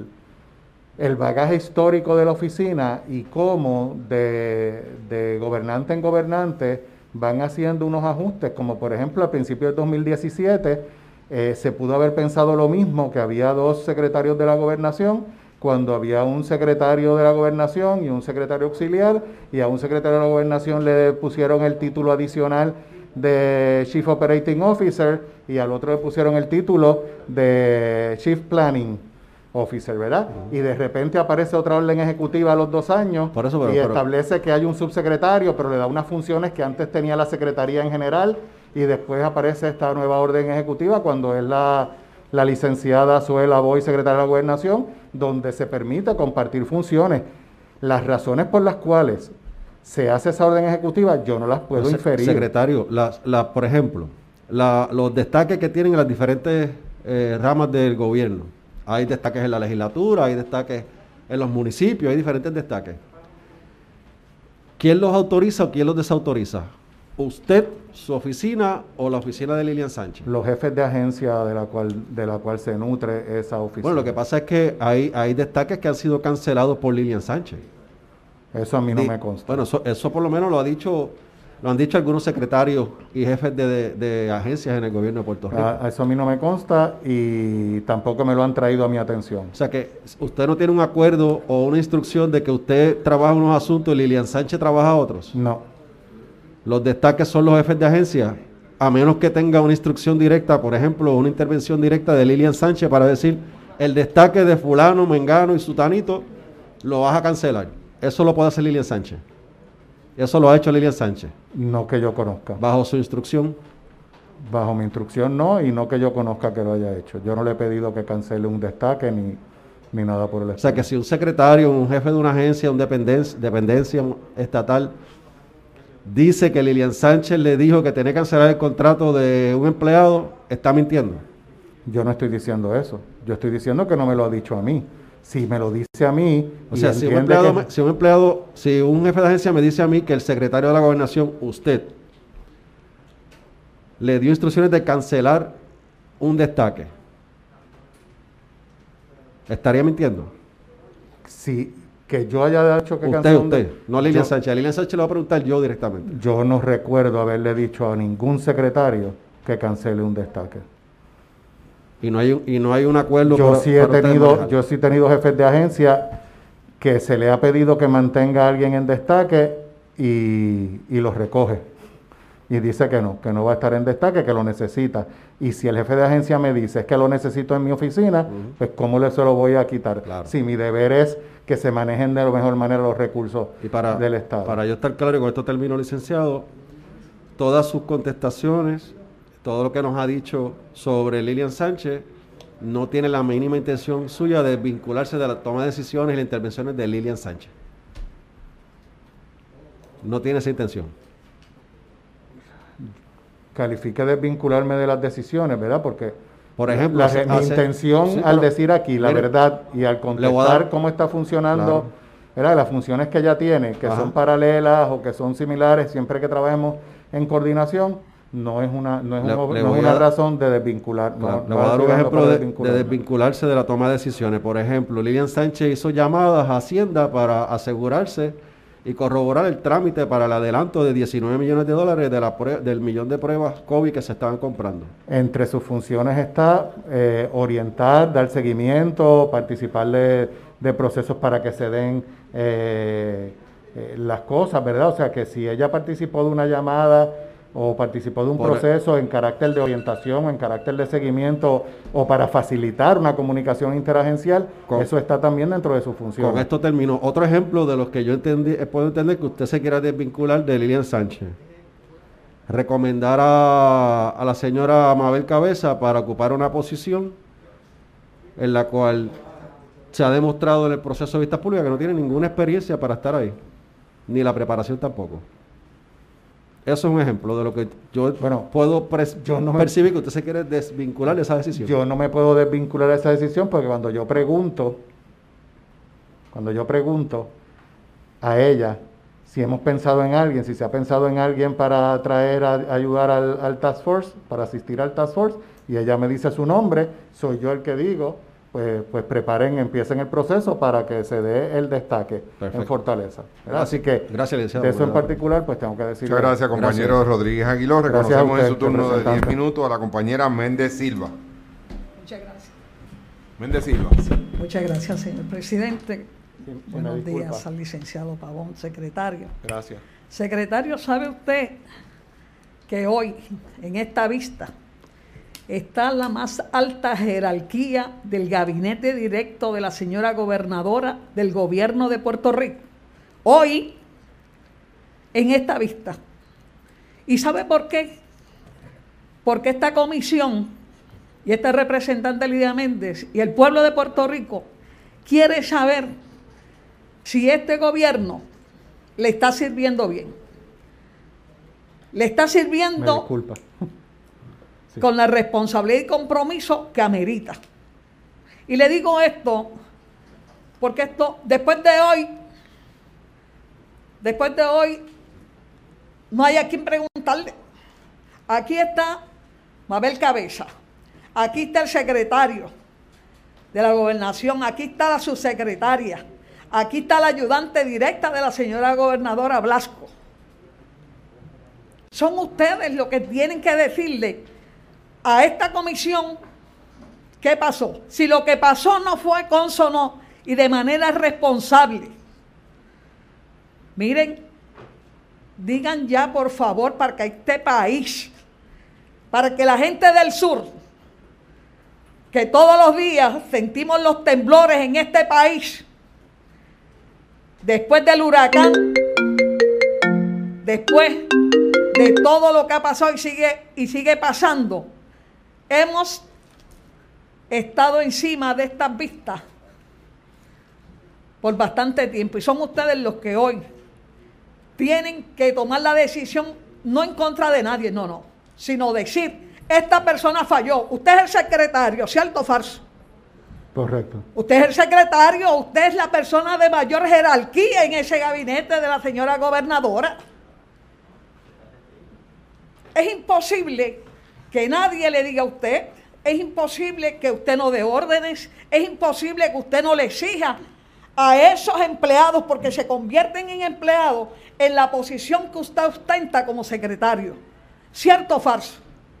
el bagaje histórico de la oficina y cómo de, de gobernante en gobernante van haciendo unos ajustes, como por ejemplo al principio del dos mil diecisiete eh, se pudo haber pensado lo mismo, que había dos secretarios de la gobernación, cuando había un secretario de la gobernación y un secretario auxiliar, y a un secretario de la gobernación le pusieron el título adicional de Chief Operating Officer y al otro le pusieron el título de Chief Planning Officer, ¿verdad? Uh-huh. Y de repente aparece otra orden ejecutiva a los dos años Por eso, pero, y establece pero... que hay un subsecretario, pero le da unas funciones que antes tenía la secretaría en general, y después aparece esta nueva orden ejecutiva cuando es la, la licenciada Zuela Boy, secretaria de la Gobernación, donde se permite compartir funciones. Las razones por las cuales se hace esa orden ejecutiva, yo no las puedo no, inferir. Secretario, la, la, por ejemplo, la, los destaques que tienen las diferentes eh, ramas del gobierno. Hay destaques en la legislatura, hay destaques en los municipios, hay diferentes destaques. ¿Quién los autoriza o quién los desautoriza? ¿Usted, su oficina o la oficina de Lilian Sánchez? Los jefes de agencia de la cual, de la cual se nutre esa oficina. Bueno, lo que pasa es que hay, hay destaques que han sido cancelados por Lilian Sánchez. Eso a mí no Di, me consta. Bueno, eso, eso por lo menos lo ha dicho... Lo han dicho algunos secretarios y jefes de, de, de agencias en el gobierno de Puerto Rico. A, eso a mí no me consta y tampoco me lo han traído a mi atención. O sea que usted no tiene un acuerdo o una instrucción de que usted trabaja unos asuntos y Lilian Sánchez trabaja otros. No. Los destaques son los jefes de agencia, a menos que tenga una instrucción directa, por ejemplo, una intervención directa de Lilian Sánchez para decir, el destaque de fulano, mengano y sutanito lo vas a cancelar. Eso lo puede hacer Lilian Sánchez. Eso lo ha hecho Lilian Sánchez. No que yo conozca. ¿Bajo su instrucción? Bajo mi instrucción no, y no que yo conozca que lo haya hecho. Yo no le he pedido que cancele un destaque ni, ni nada por el estilo. O sea que si un secretario, un jefe de una agencia, una dependencia, dependencia estatal, dice que Lilian Sánchez le dijo que tenía que cancelar el contrato de un empleado, está mintiendo. Yo no estoy diciendo eso. Yo estoy diciendo que no me lo ha dicho a mí. Si me lo dice a mí... O sea, si un, empleado, que... si un empleado, si un jefe de agencia me dice a mí que el secretario de la Gobernación, usted, le dio instrucciones de cancelar un destaque, ¿estaría mintiendo? Sí, que yo haya dicho que usted, cancelar usted, un... no Lilian yo, Sánchez. A Lilian Sánchez le voy a preguntar yo directamente. Yo no recuerdo haberle dicho a ningún secretario que cancele un destaque. Y no hay, y no hay un acuerdo. Yo para, sí he para tenido, yo sí he tenido jefes de agencia que se le ha pedido que mantenga a alguien en destaque y, y lo recoge. Y dice que no, que no va a estar en destaque, que lo necesita. Y si el jefe de agencia me dice es que lo necesito en mi oficina, uh-huh. pues ¿cómo le se lo voy a quitar? Claro. Si mi deber es que se manejen de la mejor manera los recursos y para, del Estado. Para yo estar claro, y con esto termino, licenciado, todas sus contestaciones, todo lo que nos ha dicho sobre Lilian Sánchez, no tiene la mínima intención suya de vincularse de la toma de decisiones y las intervenciones de Lilian Sánchez. No tiene esa intención. Califique de vincularme de las decisiones, ¿verdad? Porque por ejemplo, la, hace, mi hace, intención sí, al pero, decir aquí la mire, verdad y al contestar dar, cómo está funcionando, claro. ¿verdad? Las funciones que ella tiene, que Ajá. son paralelas o que son similares, siempre que trabajemos en coordinación, no es una, no es le, un, le no es una a, razón de desvincular. Claro, no, le voy a dar un ejemplo de, de desvincularse de la toma de decisiones. Por ejemplo, Lilian Sánchez hizo llamadas a Hacienda para asegurarse y corroborar el trámite para el adelanto de diecinueve millones de dólares de la del millón de pruebas COVID que se estaban comprando. Entre sus funciones está eh, orientar, dar seguimiento, participar de, de procesos para que se den eh, eh, las cosas, ¿verdad? O sea, que si ella participó de una llamada o participó de un Por proceso el... en carácter de orientación, en carácter de seguimiento o para facilitar una comunicación interagencial, con, eso está también dentro de su función. Con esto termino. Otro ejemplo de los que yo entendí, puedo entender que usted se quiera desvincular de Lilian Sánchez. Recomendar a, a la señora Mabel Cabeza para ocupar una posición en la cual se ha demostrado en el proceso de vistas públicas que no tiene ninguna experiencia para estar ahí, ni la preparación tampoco. Eso es un ejemplo de lo que yo bueno, puedo pres- yo no percibir me, que usted se quiere desvincular de esa decisión. Yo no me puedo desvincular de esa decisión porque cuando yo pregunto, cuando yo pregunto a ella si hemos pensado en alguien, si se ha pensado en alguien para traer a, a ayudar al, al Task Force, para asistir al Task Force, y ella me dice su nombre, soy yo el que digo, pues, pues preparen, empiecen el proceso para que se dé el destaque Perfecto. En Fortaleza. ¿verdad? Así que gracias, de eso en particular, pues tengo que decir. Muchas gracias, compañero gracias. Rodríguez Aguiló. Reconocemos en su turno de diez minutos a la compañera Méndez Silva. Muchas gracias. Méndez Silva. Sí, muchas gracias, señor presidente. Sí, Buenos disculpa. días al licenciado Pavón, secretario. Gracias. Secretario, ¿sabe usted que hoy, en esta vista, está la más alta jerarquía del gabinete directo de la señora gobernadora del gobierno de Puerto Rico? Hoy, en esta vista. ¿Y sabe por qué? Porque esta comisión y este representante Lidia Méndez y el pueblo de Puerto Rico quiere saber si este gobierno le está sirviendo bien. Le está sirviendo... Me disculpa. Sí. Con la responsabilidad y compromiso que amerita. Y le digo esto, porque esto, después de hoy, después de hoy, no hay a quien preguntarle. Aquí está Mabel Cabeza, aquí está el secretario de la gobernación, aquí está la subsecretaria, aquí está la ayudante directa de la señora gobernadora Blasco. Son ustedes los que tienen que decirle a esta comisión qué pasó. Si lo que pasó no fue cónsono y de manera responsable, miren, digan ya por favor para que este país, para que la gente del sur, que todos los días sentimos los temblores en este país, después del huracán, después de todo lo que ha pasado y sigue, y sigue pasando, hemos estado encima de estas vistas por bastante tiempo y son ustedes los que hoy tienen que tomar la decisión no en contra de nadie, no, no, sino decir, esta persona falló, usted es el secretario, ¿cierto o falso? Correcto. Usted es el secretario, usted es la persona de mayor jerarquía en ese gabinete de la señora gobernadora. Es imposible que nadie le diga a usted, es imposible que usted no dé órdenes, es imposible que usted no le exija a esos empleados, porque se convierten en empleados en la posición que usted ostenta como secretario. ¿Cierto o falso?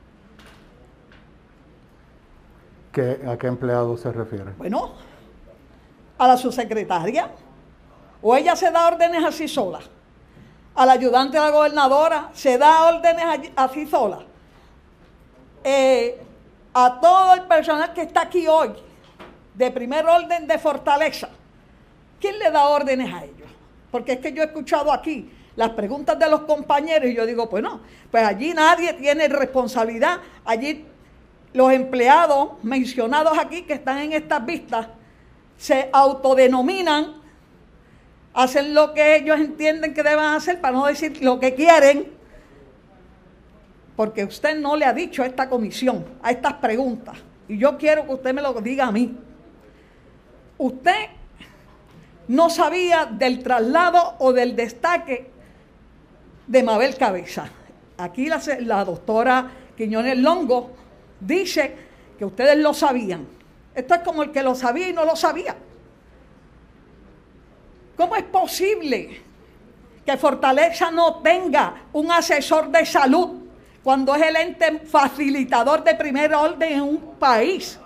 ¿Qué, ¿A qué empleado se refiere? Bueno, a la subsecretaria. O ella se da órdenes así sola. A la ayudante de la gobernadora se da órdenes así sola. Eh, a todo el personal que está aquí hoy, de primer orden de Fortaleza, ¿quién le da órdenes a ellos? Porque es que yo he escuchado aquí las preguntas de los compañeros y yo digo, pues no, pues allí nadie tiene responsabilidad. Allí los empleados mencionados aquí que están en estas vistas se autodenominan, hacen lo que ellos entienden que deben hacer, para no decir lo que quieren, porque usted no le ha dicho a esta comisión, a estas preguntas, y yo quiero que usted me lo diga a mí. Usted no sabía del traslado o del destaque de Mabel Cabeza. Aquí la, la doctora Quiñones Longo dice que ustedes lo sabían. Esto es como el que lo sabía y no lo sabía. ¿Cómo es posible que Fortaleza no tenga un asesor de salud cuando es el ente facilitador de primer orden en un país?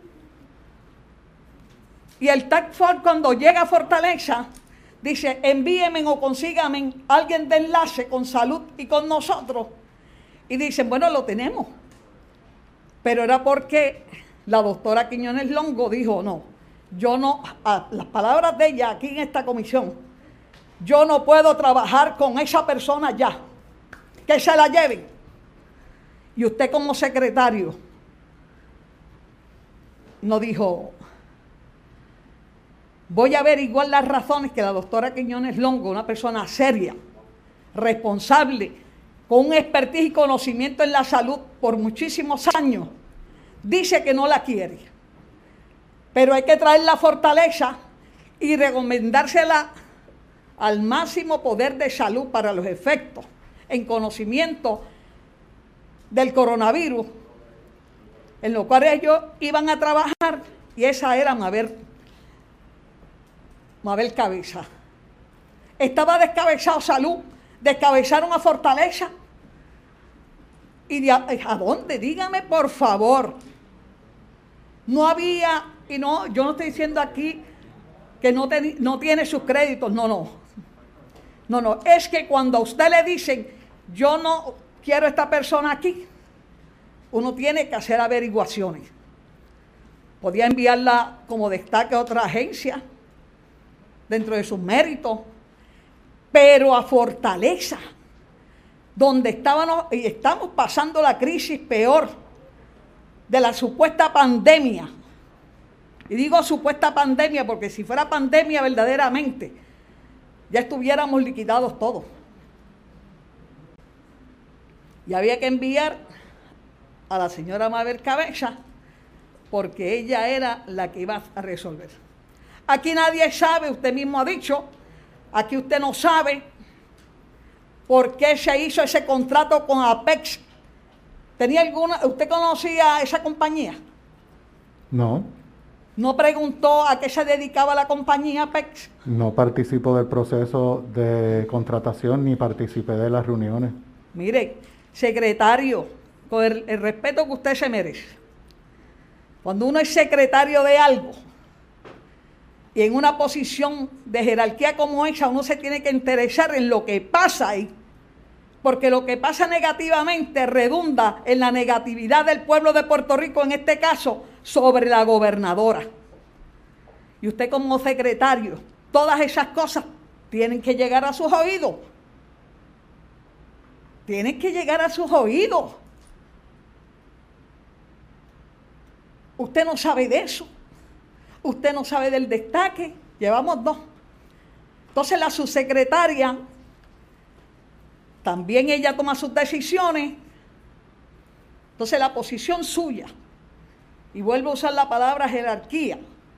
Y el Task Force, cuando llega a Fortaleza, dice, envíenme o consíganme alguien de enlace con salud y con nosotros. Y dicen, bueno, lo tenemos. Pero era porque la doctora Quiñones Longo dijo, no, yo no, a las palabras de ella aquí en esta comisión, yo no puedo trabajar con esa persona ya, que se la lleven. Y usted como secretario no dijo, voy a averiguar las razones que la doctora Quiñones Longo, una persona seria, responsable, con un expertise y conocimiento en la salud por muchísimos años, dice que no la quiere. Pero hay que traerla a Fortaleza y recomendársela al máximo poder de salud para los efectos en conocimiento del coronavirus, en lo cual ellos iban a trabajar, y esa era Mabel, Mabel Cabeza. Estaba descabezado salud, descabezaron a Fortaleza. ¿Y de a, a dónde? Dígame, por favor. No había, y no, yo no estoy diciendo aquí que no, ten, no tiene sus créditos, no, no. No, no, es que cuando a usted le dicen, yo no quiero a esta persona aquí, uno tiene que hacer averiguaciones. Podía enviarla como destaque a otra agencia, dentro de sus méritos, pero a Fortaleza, donde estábamos y estamos pasando la crisis peor de la supuesta pandemia. Y digo supuesta pandemia porque si fuera pandemia verdaderamente, ya estuviéramos liquidados todos. Y había que enviar a la señora Mabel Cabeza porque ella era la que iba a resolver. Aquí nadie sabe, usted mismo ha dicho, aquí usted no sabe por qué se hizo ese contrato con Apex. ¿Tenía alguna, usted conocía a esa compañía? No. ¿No preguntó a qué se dedicaba la compañía Apex? No participo del proceso de contratación ni participé de las reuniones. Mire, secretario, con el, el respeto que usted se merece, cuando uno es secretario de algo y en una posición de jerarquía como esa, uno se tiene que interesar en lo que pasa ahí, porque lo que pasa negativamente redunda en la negatividad del pueblo de Puerto Rico, en este caso, sobre la gobernadora. Y usted como secretario, todas esas cosas tienen que llegar a sus oídos. Tienen que llegar a sus oídos. Usted no sabe de eso. Usted no sabe del destaque. Llevamos dos. Entonces la subsecretaria también ella toma sus decisiones. Entonces la posición suya, y vuelvo a usar la palabra jerarquía,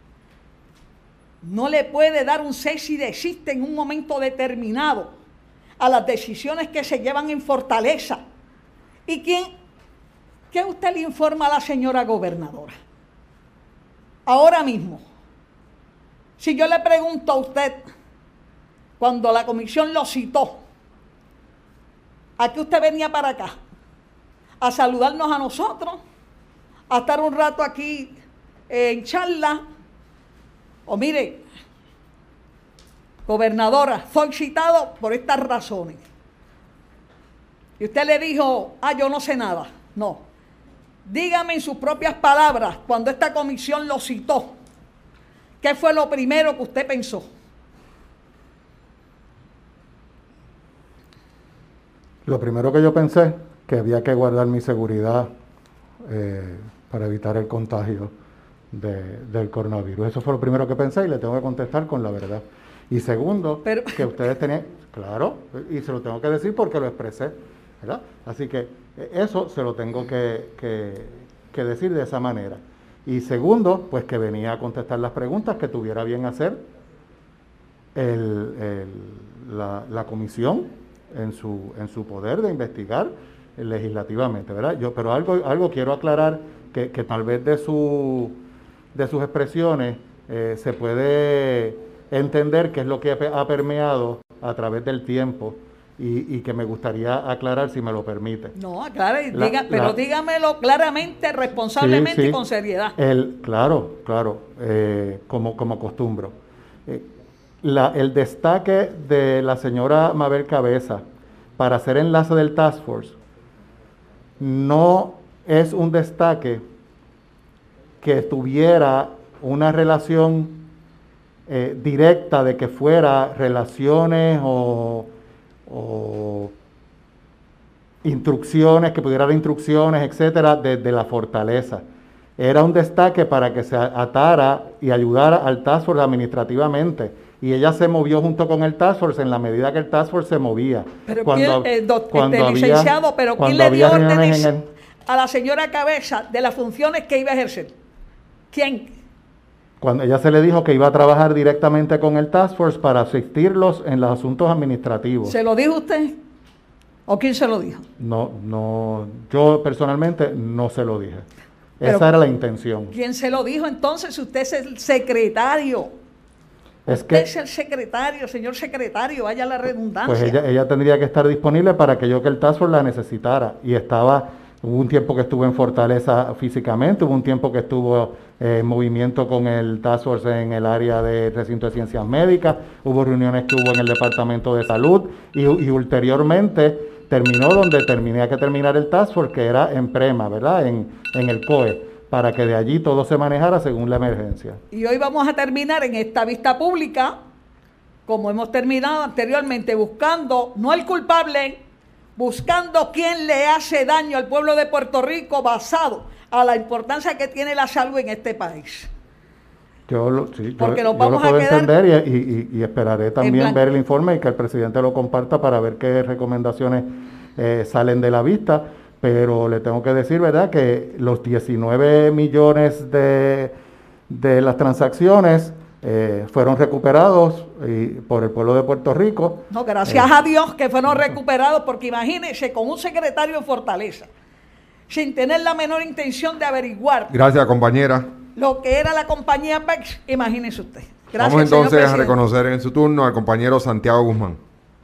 no le puede dar un cese y desiste en un momento determinado a las decisiones que se llevan en Fortaleza. ¿Y quién? ¿Qué usted le informa a la señora gobernadora? Ahora mismo, si yo le pregunto a usted, cuando la comisión lo citó, ¿a qué usted venía para acá? ¿A saludarnos a nosotros? ¿A estar un rato aquí eh, en charla? O mire, gobernadora, soy citado por estas razones. Y usted le dijo, ah, yo no sé nada. No. Dígame en sus propias palabras, cuando esta comisión lo citó, ¿qué fue lo primero que usted pensó? Lo primero que yo pensé, que había que guardar mi seguridad eh, para evitar el contagio de, del coronavirus. Eso fue lo primero que pensé y le tengo que contestar con la verdad. Y segundo, Pero... que ustedes tenían, claro, y se lo tengo que decir porque lo expresé, ¿verdad? Así que eso se lo tengo que, que, que decir de esa manera. Y segundo, pues que venía a contestar las preguntas que tuviera bien hacer el, el, la, la comisión en su, en su poder de investigar legislativamente, ¿verdad? Yo, pero algo, algo quiero aclarar que, que tal vez de, su, de sus expresiones eh, se puede entender qué es lo que ha permeado a través del tiempo y, y que me gustaría aclarar si me lo permite. No, aclare, la, diga, pero la, dígamelo claramente, responsablemente sí, sí, y con seriedad. El, claro, claro, eh, como, como acostumbro. Eh, la, el destaque de la señora Mabel Cabeza para hacer enlace del Task Force no es un destaque que tuviera una relación eh, directa de que fuera relaciones o, o instrucciones, que pudiera dar instrucciones, etcétera, desde la fortaleza. Era un destaque para que se atara y ayudara al Task Force administrativamente. Y ella se movió junto con el Task Force en la medida que el Task Force se movía. Pero cuando, ¿quién, eh, do, cuando este, había, licenciado, pero ¿quién le dio órdenes el... a la señora Cabeza de las funciones que iba a ejercer? ¿Quién? Cuando ella se le dijo que iba a trabajar directamente con el Task Force para asistirlos en los asuntos administrativos. ¿Se lo dijo usted? ¿O quién se lo dijo? No, no, yo personalmente no se lo dije. Pero, esa era la intención. ¿Quién se lo dijo entonces? Usted es el secretario. Es Usted que, es el secretario, señor secretario, vaya la redundancia. Pues ella, ella tendría que estar disponible para que yo que el Task Force la necesitara. Y estaba, hubo un tiempo que estuvo en Fortaleza físicamente, hubo un tiempo que estuvo eh, en movimiento con el Task Force en el área de recinto de ciencias médicas, hubo reuniones que hubo en el Departamento de Salud y, y ulteriormente terminó donde tenía que terminar el Task Force, que era en PREMA, ¿verdad? En, en el C O E. Para que de allí todo se manejara según la emergencia. Y hoy vamos a terminar en esta vista pública, como hemos terminado anteriormente, buscando, no el culpable, buscando quién le hace daño al pueblo de Puerto Rico basado a la importancia que tiene la salud en este país. Yo lo, sí, Porque yo, nos vamos yo lo puedo a quedar entender y, y, y esperaré también ver el informe y que el presidente lo comparta para ver qué recomendaciones eh, salen de la vista. Pero le tengo que decir, ¿verdad?, que los diecinueve millones de, de las transacciones eh, fueron recuperados y, por el pueblo de Puerto Rico. No, gracias eh, a Dios que fueron recuperados, porque imagínense, con un secretario en Fortaleza, sin tener la menor intención de averiguar. Gracias, compañera. Lo que era la compañía Pex, imagínese usted. Gracias, Vamos entonces a reconocer en su turno al compañero Santiago Guzmán.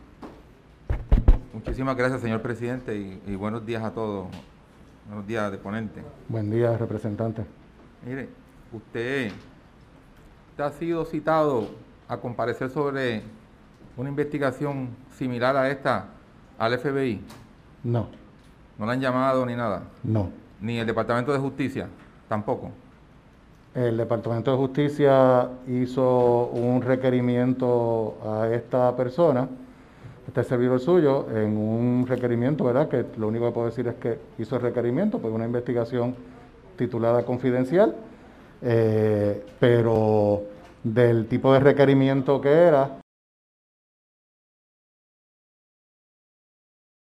Muchísimas gracias, señor presidente, y, y buenos días a todos. Buenos días, deponente. Buen día, representante. Mire, usted, usted ha sido citado a comparecer sobre una investigación similar a esta al F B I. No. ¿No la han llamado ni nada? No. ¿Ni el Departamento de Justicia? Tampoco. El Departamento de Justicia hizo un requerimiento a esta persona, este servidor suyo, en un requerimiento, ¿verdad? Que lo único que puedo decir es que hizo el requerimiento, pues una investigación titulada confidencial, eh, pero del tipo de requerimiento que era,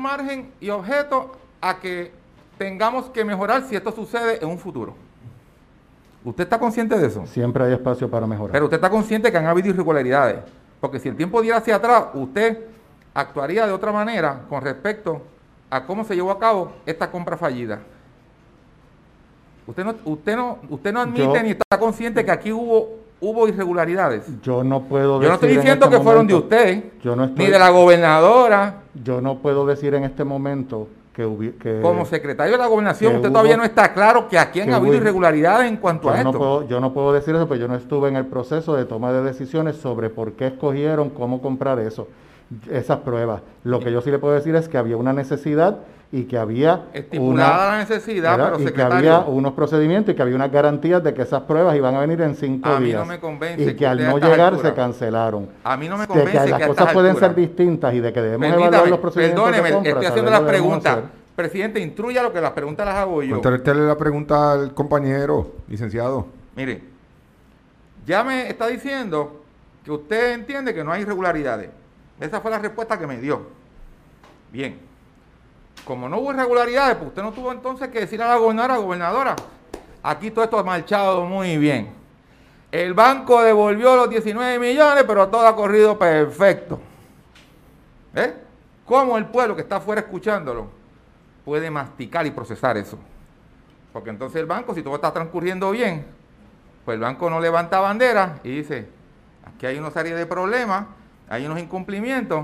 margen y objeto a que tengamos que mejorar si esto sucede en un futuro. ¿Usted está consciente de eso? Siempre hay espacio para mejorar. Pero usted está consciente que han habido irregularidades. Porque si el tiempo diera hacia atrás, usted actuaría de otra manera con respecto a cómo se llevó a cabo esta compra fallida. Usted no, usted no, usted no admite yo, ni está consciente que aquí hubo, hubo irregularidades. Yo no puedo decir. Yo no estoy diciendo este que fueron momento, de usted, yo no estoy, ni de la gobernadora. Yo no puedo decir en este momento que, hubi, que como secretario de la gobernación, usted hubo, todavía no está claro que aquí han habido hubo, irregularidades en cuanto a esto. No puedo, yo no puedo decir eso, porque yo no estuve en el proceso de toma de decisiones sobre por qué escogieron cómo comprar eso, esas pruebas. Lo que yo sí le puedo decir es que había una necesidad y que había estipulada una, la necesidad, ¿verdad? pero y que había unos procedimientos y que había unas garantías de que esas pruebas iban a venir en cinco a días. Mí no me convence y que, que al no llegar se cancelaron. A mí no me convence de que, que las cosas pueden alturas. ser distintas y de que debemos Permítame, evaluar los procedimientos perdóneme, de compra. Estoy haciendo las preguntas. Presidente, instruya lo que las preguntas las hago yo. Contéstele la pregunta al compañero, licenciado. Mire, ya me está diciendo que usted entiende que no hay irregularidades. Esa fue la respuesta que me dio. Bien. Como no hubo irregularidades, pues usted no tuvo entonces que decir a la gobernadora, gobernadora, aquí todo esto ha marchado muy bien. El banco devolvió los diecinueve millones, pero todo ha corrido perfecto. ¿Eh? ¿Cómo el pueblo que está afuera escuchándolo puede masticar y procesar eso? Porque entonces el banco, si todo está transcurriendo bien, pues el banco no levanta bandera y dice, aquí hay una serie de problemas, hay unos incumplimientos,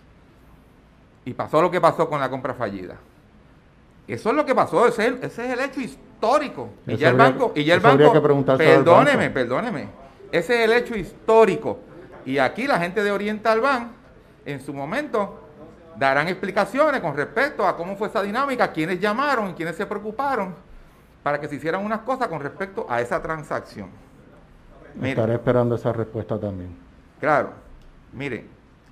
y pasó lo que pasó con la compra fallida. Eso es lo que pasó, ese es el, ese es el hecho histórico. Y ya el banco, y ya el banco, perdóneme, perdóneme, ese es el hecho histórico. Y aquí la gente de Oriental Bank, en su momento, darán explicaciones con respecto a cómo fue esa dinámica, quiénes llamaron y quiénes se preocuparon para que se hicieran unas cosas con respecto a esa transacción. Mire, estaré esperando esa respuesta también. Claro, mire,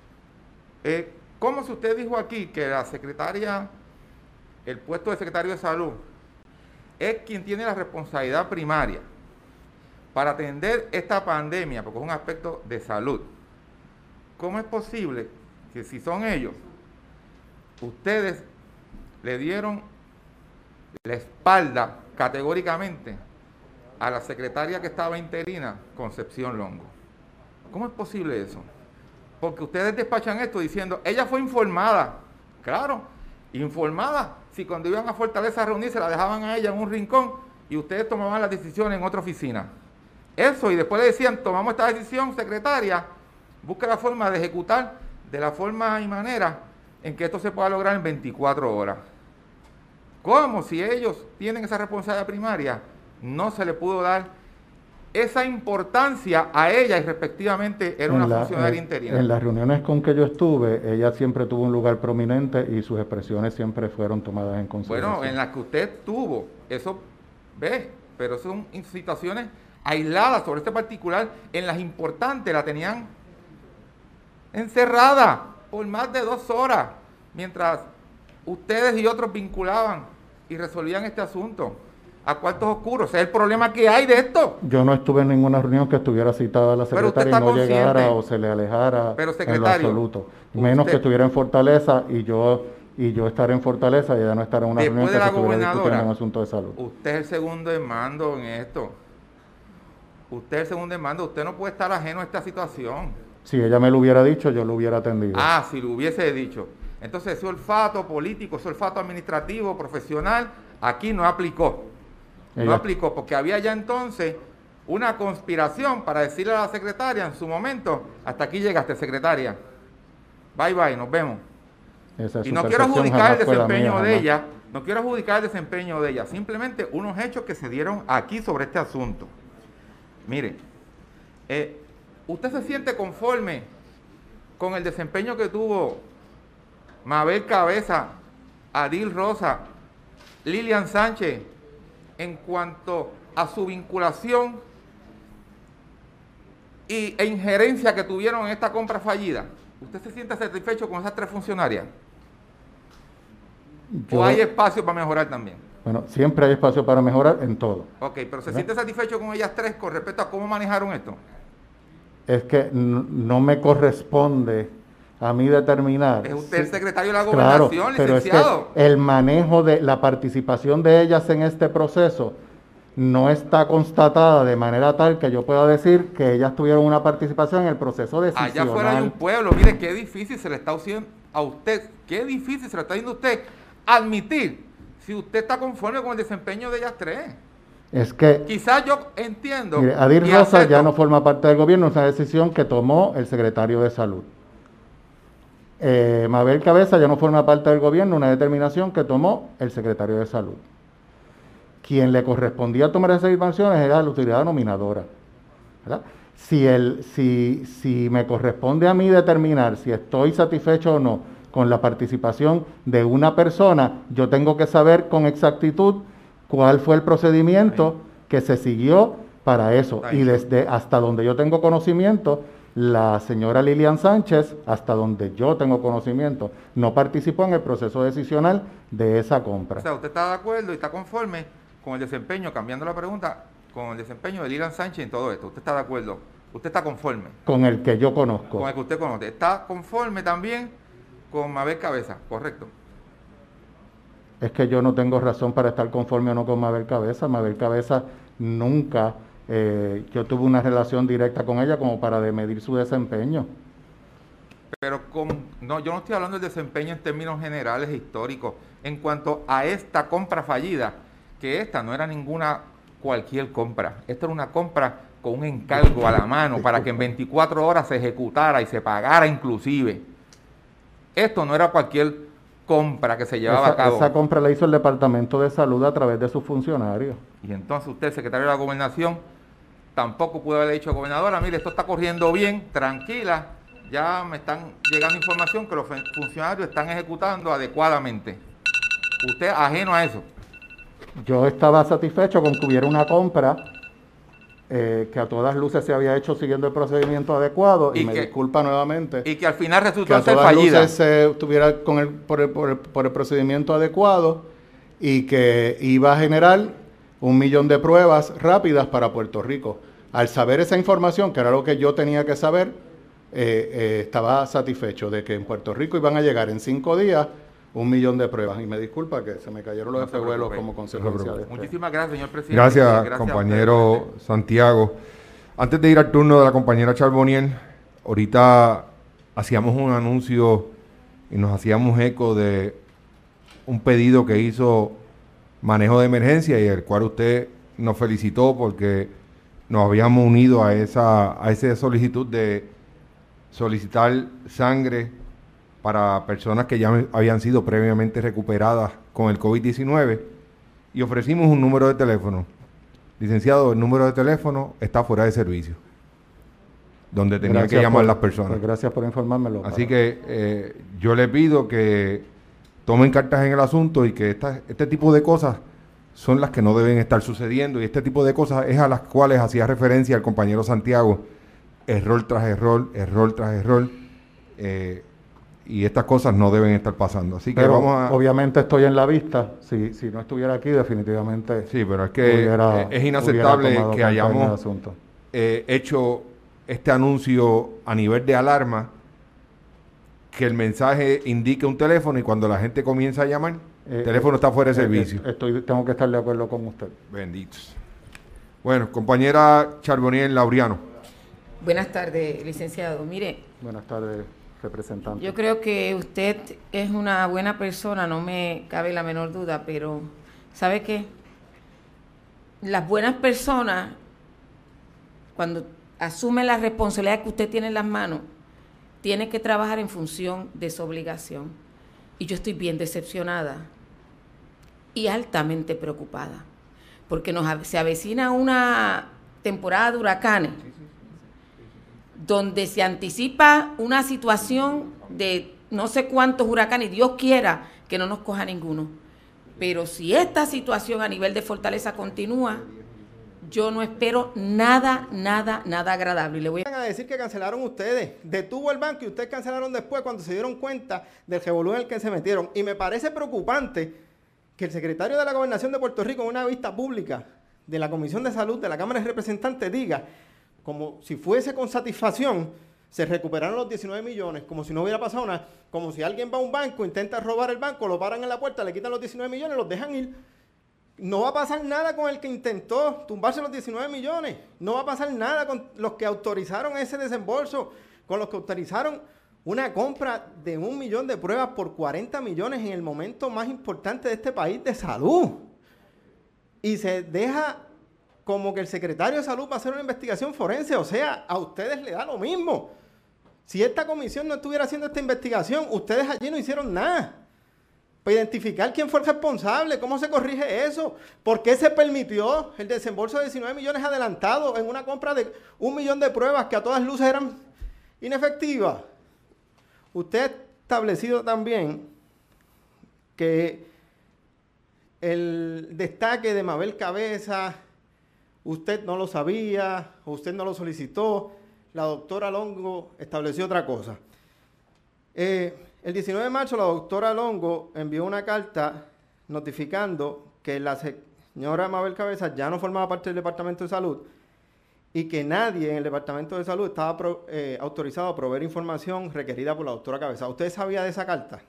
eh, ¿cómo si usted dijo aquí que la secretaria, el puesto de secretario de salud, es quien tiene la responsabilidad primaria para atender esta pandemia, porque es un aspecto de salud? ¿Cómo es posible que si son ellos, ustedes le dieron la espalda categóricamente a la secretaria que estaba interina, Concepción Longo? ¿Cómo es posible eso? Porque ustedes despachan esto diciendo, ella fue informada. Claro, informada. Si cuando iban a Fortaleza a reunirse la dejaban a ella en un rincón y ustedes tomaban la decisión en otra oficina. Eso, y después le decían, tomamos esta decisión, secretaria, busca la forma de ejecutar de la forma y manera en que esto se pueda lograr en veinticuatro horas. ¿Cómo? Si ellos tienen esa responsabilidad primaria, no se le pudo dar esa importancia a ella y respectivamente era una la, funcionaria en, interina. En las reuniones con que yo estuve, ella siempre tuvo un lugar prominente y sus expresiones siempre fueron tomadas en consideración. Bueno, en las que usted tuvo, eso, ve, pero son situaciones aisladas sobre este particular, en las importantes la tenían encerrada por más de dos horas, mientras ustedes y otros vinculaban y resolvían este asunto a cuartos oscuros. Ese es el problema que hay de esto. Yo no estuve en ninguna reunión que estuviera citada la secretaria y no consciente. llegara o se le alejara Pero, en lo absoluto. Menos usted, que estuviera en Fortaleza y yo y yo estar en Fortaleza y ella no estar en una reunión que se estuviera discutiendo un asunto de salud. Usted es el segundo en mando en esto. Usted es el segundo en mando. Usted no puede estar ajeno a esta situación. Si ella me lo hubiera dicho, yo lo hubiera atendido. Ah, si lo hubiese dicho. Entonces ese olfato político, ese olfato administrativo, profesional, aquí no aplicó. No ella. aplicó, porque había ya entonces una conspiración para decirle a la secretaria en su momento, hasta aquí llegaste, secretaria. Bye bye, nos vemos. Esa y no quiero adjudicar el desempeño mía, de jamás. ella, no quiero adjudicar el desempeño de ella, simplemente unos hechos que se dieron aquí sobre este asunto. Mire, eh, ¿usted se siente conforme con el desempeño que tuvo Mabel Cabeza, Adil Rosa, Lilian Sánchez, en cuanto a su vinculación y, e injerencia que tuvieron en esta compra fallida? ¿Usted se siente satisfecho con esas tres funcionarias? Yo, ¿O hay espacio para mejorar también? Bueno, siempre hay espacio para mejorar en todo. Ok, pero ¿se ¿verdad? siente satisfecho con ellas tres con respecto a cómo manejaron esto? Es que no me corresponde a mí determinar. Es usted el secretario de la Claro, Gobernación, pero licenciado. es que el manejo de la participación de ellas en este proceso no está constatada de manera tal que yo pueda decir que ellas tuvieron una participación en el proceso decisional. Allá afuera hay un pueblo, mire qué difícil se le está haciendo a usted, qué difícil se le está haciendo a usted admitir si usted está conforme con el desempeño de ellas tres. Es que quizás yo entiendo. Mire, Adir Rosa ya no forma parte del gobierno, es una decisión que tomó el secretario de Salud. Eh, Mabel Cabeza ya no forma parte del gobierno, una determinación que tomó el secretario de Salud. Quien le correspondía tomar esas informaciones era la autoridad nominadora, ¿verdad? Si, el, si, si me corresponde a mí determinar si estoy satisfecho o no con la participación de una persona, yo tengo que saber con exactitud cuál fue el procedimiento que se siguió para eso. Y desde hasta donde yo tengo conocimiento, la señora Lilian Sánchez, hasta donde yo tengo conocimiento, no participó en el proceso decisional de esa compra. O sea, usted está de acuerdo y está conforme con el desempeño, cambiando la pregunta, con el desempeño de Lilian Sánchez en todo esto. ¿Usted está de acuerdo? ¿Usted está conforme? Con el que yo conozco. Con el que usted conoce. ¿Está conforme también con Mabel Cabeza? Correcto. Es que yo no tengo razón para estar conforme o no con Mabel Cabeza. Mabel Cabeza nunca, eh, yo tuve una relación directa con ella como para de medir su desempeño. Pero con, no, yo no estoy hablando del desempeño en términos generales e históricos. En cuanto a esta compra fallida, que esta no era ninguna cualquier compra. Esta era una compra con un encargo a la mano para que en veinticuatro horas se ejecutara y se pagara inclusive. Esto no era cualquier compra que se llevaba esa, a cabo. Esa compra la hizo el Departamento de Salud a través de sus funcionarios. Y entonces usted, secretario de la Gobernación, tampoco pudo haberle dicho, gobernadora, mire, esto está corriendo bien, tranquila, ya me están llegando información que los funcionarios están ejecutando adecuadamente. Usted ajeno a eso. Yo estaba satisfecho con que hubiera una compra eh, que a todas luces se había hecho siguiendo el procedimiento adecuado, y, y me que, disculpa nuevamente. Y que al final resultó que a ser todas fallida. luces se tuviera con el, por, el, por, el, por el procedimiento adecuado y que iba a generar un millón de pruebas rápidas para Puerto Rico. Al saber esa información, que era lo que yo tenía que saber, eh, eh, estaba satisfecho de que en Puerto Rico iban a llegar en cinco días un millón de pruebas. Y me disculpa que se me cayeron los espejuelos como consecuencia de esto. Muchísimas gracias, señor presidente. Gracias, gracias compañero Santiago. Antes de ir al turno de la compañera Charbonnier, ahorita hacíamos un anuncio y nos hacíamos eco de un pedido que hizo Manejo de Emergencia y el cual usted nos felicitó porque nos habíamos unido a esa, a esa solicitud de solicitar sangre para personas que ya habían sido previamente recuperadas con el COVID diecinueve y ofrecimos un número de teléfono. Licenciado, el número de teléfono está fuera de servicio, donde tenía gracias que llamar por, las personas. Pues gracias por informármelo. Así para... que eh, yo le pido que tomen cartas en el asunto y que esta, este tipo de cosas son las que no deben estar sucediendo y este tipo de cosas es a las cuales hacía referencia el compañero Santiago, error tras error, error tras error, eh, y estas cosas no deben estar pasando. Así que pero vamos a... obviamente estoy en la vista, si, si no estuviera aquí definitivamente... Sí, pero es que hubiera, es inaceptable que hayamos eh, hecho este anuncio a nivel de alarma, que el mensaje indique un teléfono y cuando la gente comienza a llamar, el eh, teléfono está fuera de eh, servicio. Estoy, tengo que estar de acuerdo con usted. Benditos. Bueno, compañera Charbonnier Laureano. Buenas tardes, licenciado. Mire. Buenas tardes, representante. Yo creo que usted es una buena persona, no me cabe la menor duda, pero ¿sabe qué? Las buenas personas, cuando asumen la responsabilidad que usted tiene en las manos, tiene que trabajar en función de su obligación. Y yo estoy bien decepcionada y altamente preocupada, porque nos se avecina una temporada de huracanes, donde se anticipa una situación de no sé cuántos huracanes, y Dios quiera que no nos coja ninguno. Pero si esta situación a nivel de Fortaleza continúa, yo no espero nada, nada, nada agradable. Y le voy a decir que cancelaron ustedes. Detuvo el banco y ustedes cancelaron después cuando se dieron cuenta del revolú en el que se metieron. Y me parece preocupante que el secretario de la Gobernación de Puerto Rico en una vista pública de la Comisión de Salud de la Cámara de Representantes diga, como si fuese con satisfacción, Se recuperaron los diecinueve millones, como si no hubiera pasado nada. Como si alguien va a un banco, intenta robar el banco, lo paran en la puerta, le quitan los diecinueve millones, los dejan ir. No va a pasar nada con el que intentó tumbarse los diecinueve millones. No va a pasar nada con los que autorizaron ese desembolso, con los que autorizaron una compra de un millón de pruebas por cuarenta millones en el momento más importante de este país de salud. Y se deja como que el secretario de Salud va a hacer una investigación forense. O sea, a ustedes les da lo mismo. Si esta comisión no estuviera haciendo esta investigación, ustedes allí no hicieron nada para identificar quién fue el responsable, cómo se corrige eso, por qué se permitió el desembolso de diecinueve millones adelantado en una compra de un millón de pruebas que a todas luces eran inefectivas. Usted ha establecido también que el destaque de Mabel Cabeza, usted no lo sabía, o usted no lo solicitó. La doctora Longo estableció otra cosa. Eh, el diecinueve de marzo la doctora Longo envió una carta notificando que la señora Mabel Cabeza ya no formaba parte del Departamento de Salud y que nadie en el Departamento de Salud estaba pro, eh, autorizado a proveer información requerida por la doctora Cabeza. ¿Usted sabía de esa carta?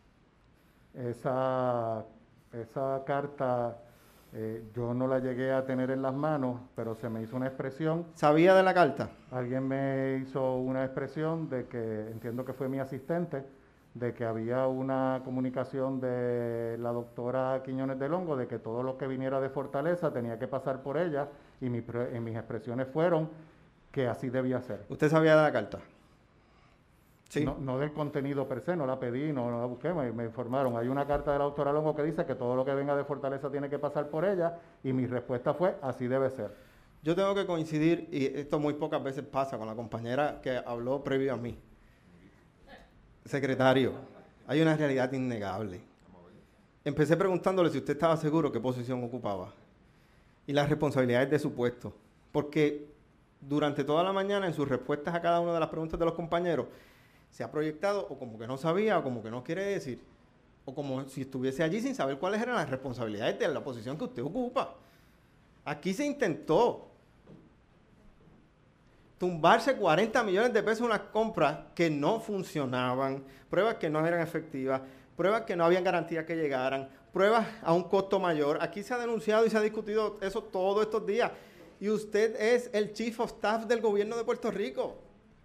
Esa, esa carta eh, yo no la llegué a tener en las manos, pero se me hizo una expresión. ¿Sabía de la carta? Alguien me hizo una expresión de que, entiendo que fue mi asistente, de que había una comunicación de la doctora Quiñones de Longo, de que todo lo que viniera de Fortaleza tenía que pasar por ella, y, mi, y mis expresiones fueron que así debía ser. ¿Usted sabía de la carta? Sí. No, no del contenido per se, no la pedí, no, no la busqué, me, me informaron. Hay una carta de la doctora Longo que dice que todo lo que venga de Fortaleza tiene que pasar por ella, y mi respuesta fue, así debe ser. Yo tengo que coincidir, y esto muy pocas veces pasa, con la compañera que habló previo a mí. Secretario, hay una realidad innegable. Empecé preguntándole si usted estaba seguro qué posición ocupaba y las responsabilidades de su puesto, porque durante toda la mañana en sus respuestas a cada una de las preguntas de los compañeros se ha proyectado o como que no sabía o como que no quiere decir, o como si estuviese allí sin saber cuáles eran las responsabilidades de la posición que usted ocupa. Aquí se intentó tumbarse cuarenta millones de pesos en unas compras que no funcionaban, pruebas que no eran efectivas, pruebas que no habían garantía que llegaran, pruebas a un costo mayor. Aquí se ha denunciado y se ha discutido eso todos estos días. Y usted es el Chief of Staff del gobierno de Puerto Rico.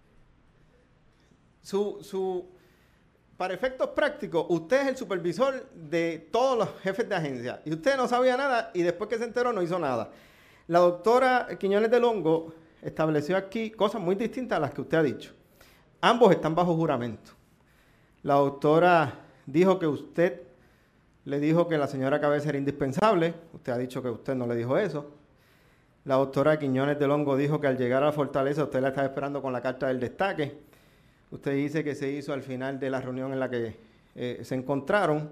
Su, su, para efectos prácticos, usted es el supervisor de todos los jefes de agencia. Y usted no sabía nada y después que se enteró no hizo nada. La doctora Quiñones de Longo estableció aquí cosas muy distintas a las que usted ha dicho. Ambos están bajo juramento. La doctora dijo que usted le dijo que la señora Cabeza era indispensable. Usted ha dicho que usted no le dijo eso. La doctora Quiñones de Longo dijo que al llegar a la Fortaleza usted la estaba esperando con la carta del destaque. Usted dice que se hizo al final de la reunión en la que eh, se encontraron.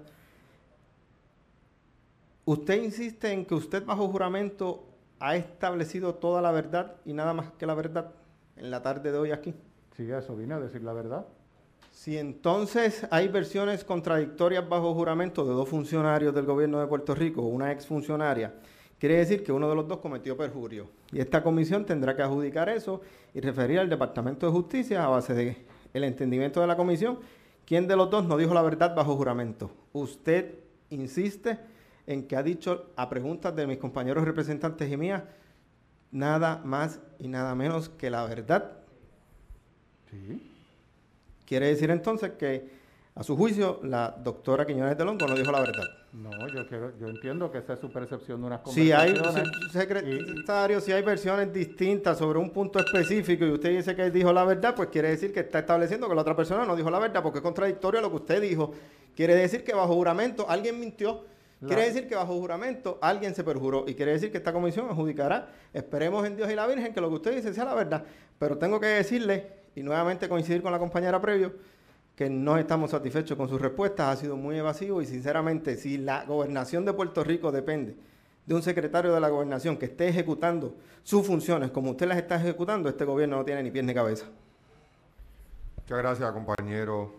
Usted insiste en que usted bajo juramento ha establecido toda la verdad y nada más que la verdad en la tarde de hoy aquí. Sí, a eso vine a decir la verdad. Si entonces hay versiones contradictorias bajo juramento de dos funcionarios del gobierno de Puerto Rico, una exfuncionaria, quiere decir que uno de los dos cometió perjurio. Y esta comisión tendrá que adjudicar eso y referir al Departamento de Justicia a base de el entendimiento de la comisión, quién de los dos no dijo la verdad bajo juramento. Usted insiste en que ha dicho a preguntas de mis compañeros representantes y mías nada más y nada menos que la verdad. Sí. Quiere decir entonces que, a su juicio, la doctora Quiñones de Longo no dijo la verdad. No, yo quiero, yo entiendo que esa es su percepción de unas Si hay, conversaciones. se- secretario, si hay versiones distintas sobre un punto específico y usted dice que dijo la verdad, pues quiere decir que está estableciendo que la otra persona no dijo la verdad, porque es contradictorio a lo que usted dijo. Quiere decir que bajo juramento alguien mintió. La- Quiere decir que bajo juramento alguien se perjuró. Y quiere decir que esta comisión adjudicará. Esperemos en Dios y la Virgen que lo que usted dice sea la verdad. Pero tengo que decirle, y nuevamente coincidir con la compañera previo, que no estamos satisfechos con sus respuestas, ha sido muy evasivo y sinceramente si la gobernación de Puerto Rico depende de un secretario de la gobernación que esté ejecutando sus funciones como usted las está ejecutando, este gobierno no tiene ni pies ni cabeza. Muchas gracias, compañero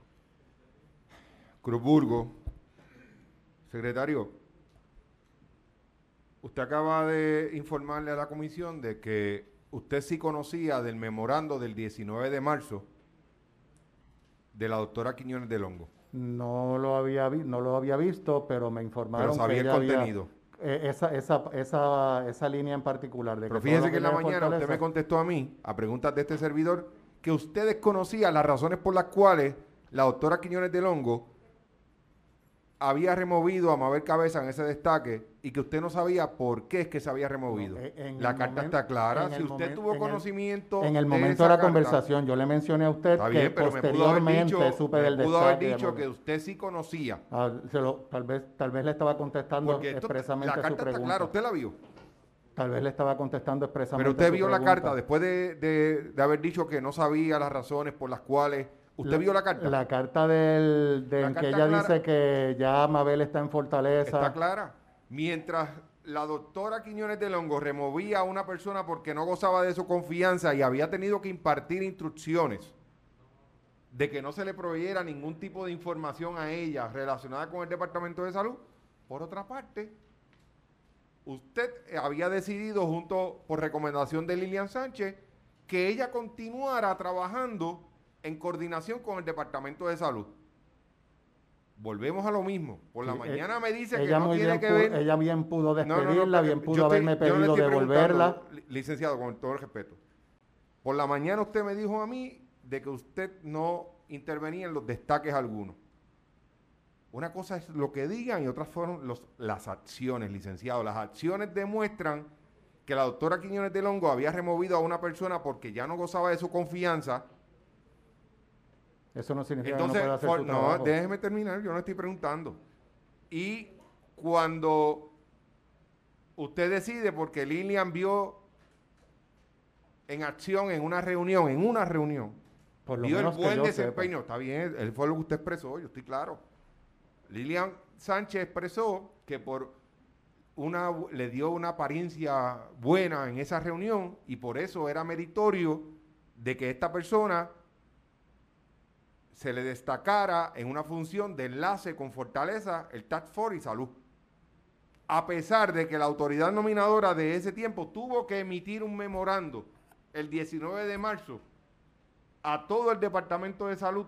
Cruzburgo. Secretario, usted acaba de informarle a la comisión de que usted sí conocía del memorando del diecinueve de marzo de la doctora Quiñones del Hongo. No lo había, vi- no lo había visto, pero me Pero informaron que sabía el ella había contenido. eh, esa, esa, esa, esa línea en particular de Pero que todo fíjese lo que en la viene de mañana usted me Fortaleza. contestó a mí, a preguntas de este servidor, que ustedes conocían las razones por las cuales la doctora Quiñones del Hongo había removido a Mabel Cabeza en ese destaque y que usted no sabía por qué es que se había removido. No, eh, en La el carta momen- está clara. en Si el usted momen- tuvo en el- conocimiento En el de momento esa de la carta, conversación, yo le mencioné a usted está que bien, pero me pudo haber posteriormente dicho, supe me del pudo haber destaque. de dicho Mabel. que usted sí conocía. Ah, se lo- tal vez, tal vez le estaba contestando Porque esto, expresamente la a su carta está pregunta. clara, usted la vio. Tal vez le estaba contestando expresamente Pero a usted su vio la pregunta. carta después de, de- de haber dicho que no sabía las razones por las cuales. ¿Usted vio la carta? La carta del, de La en que carta ella clara. dice que ya Mabel está en Fortaleza. Está clara. Mientras la doctora Quiñones del Hongo removía a una persona porque no gozaba de su confianza y había tenido que impartir instrucciones de que no se le proveyera ningún tipo de información a ella relacionada con el Departamento de Salud, por otra parte, usted había decidido, junto por recomendación de Lilian Sánchez, que ella continuara trabajando en coordinación con el Departamento de Salud. Volvemos a lo mismo. Por la Sí, mañana eh, me dice que ella no muy tiene bien que pudo- ver. Ella bien pudo No, no, no, despedirla, pero bien yo pudo estoy- haberme yo no le pedido estoy devolverla. preguntando, li- licenciado, con todo el respeto. Por la mañana usted me dijo a mí de que usted no intervenía en los destaques algunos. Una cosa es lo que digan y otras fueron los, las acciones, licenciado. Las acciones demuestran que la doctora Quiñones del Hongo había removido a una persona porque ya no gozaba de su confianza. Eso no significa Entonces, que no pueda hacer for- su no, trabajo. déjeme terminar, yo no estoy preguntando. Y cuando usted decide, porque Lilian vio en acción en una reunión, en una reunión, Por lo vio el menos que buen yo desempeño, sepa. está bien, él fue lo que usted expresó, yo estoy claro. Lilian Sánchez expresó que por una le dio una apariencia buena en esa reunión y por eso era meritorio de que esta persona se le destacara en una función de enlace con Fortaleza, el Task Force y Salud. A pesar de que la autoridad nominadora de ese tiempo tuvo que emitir un memorando el diecinueve de marzo a todo el Departamento de Salud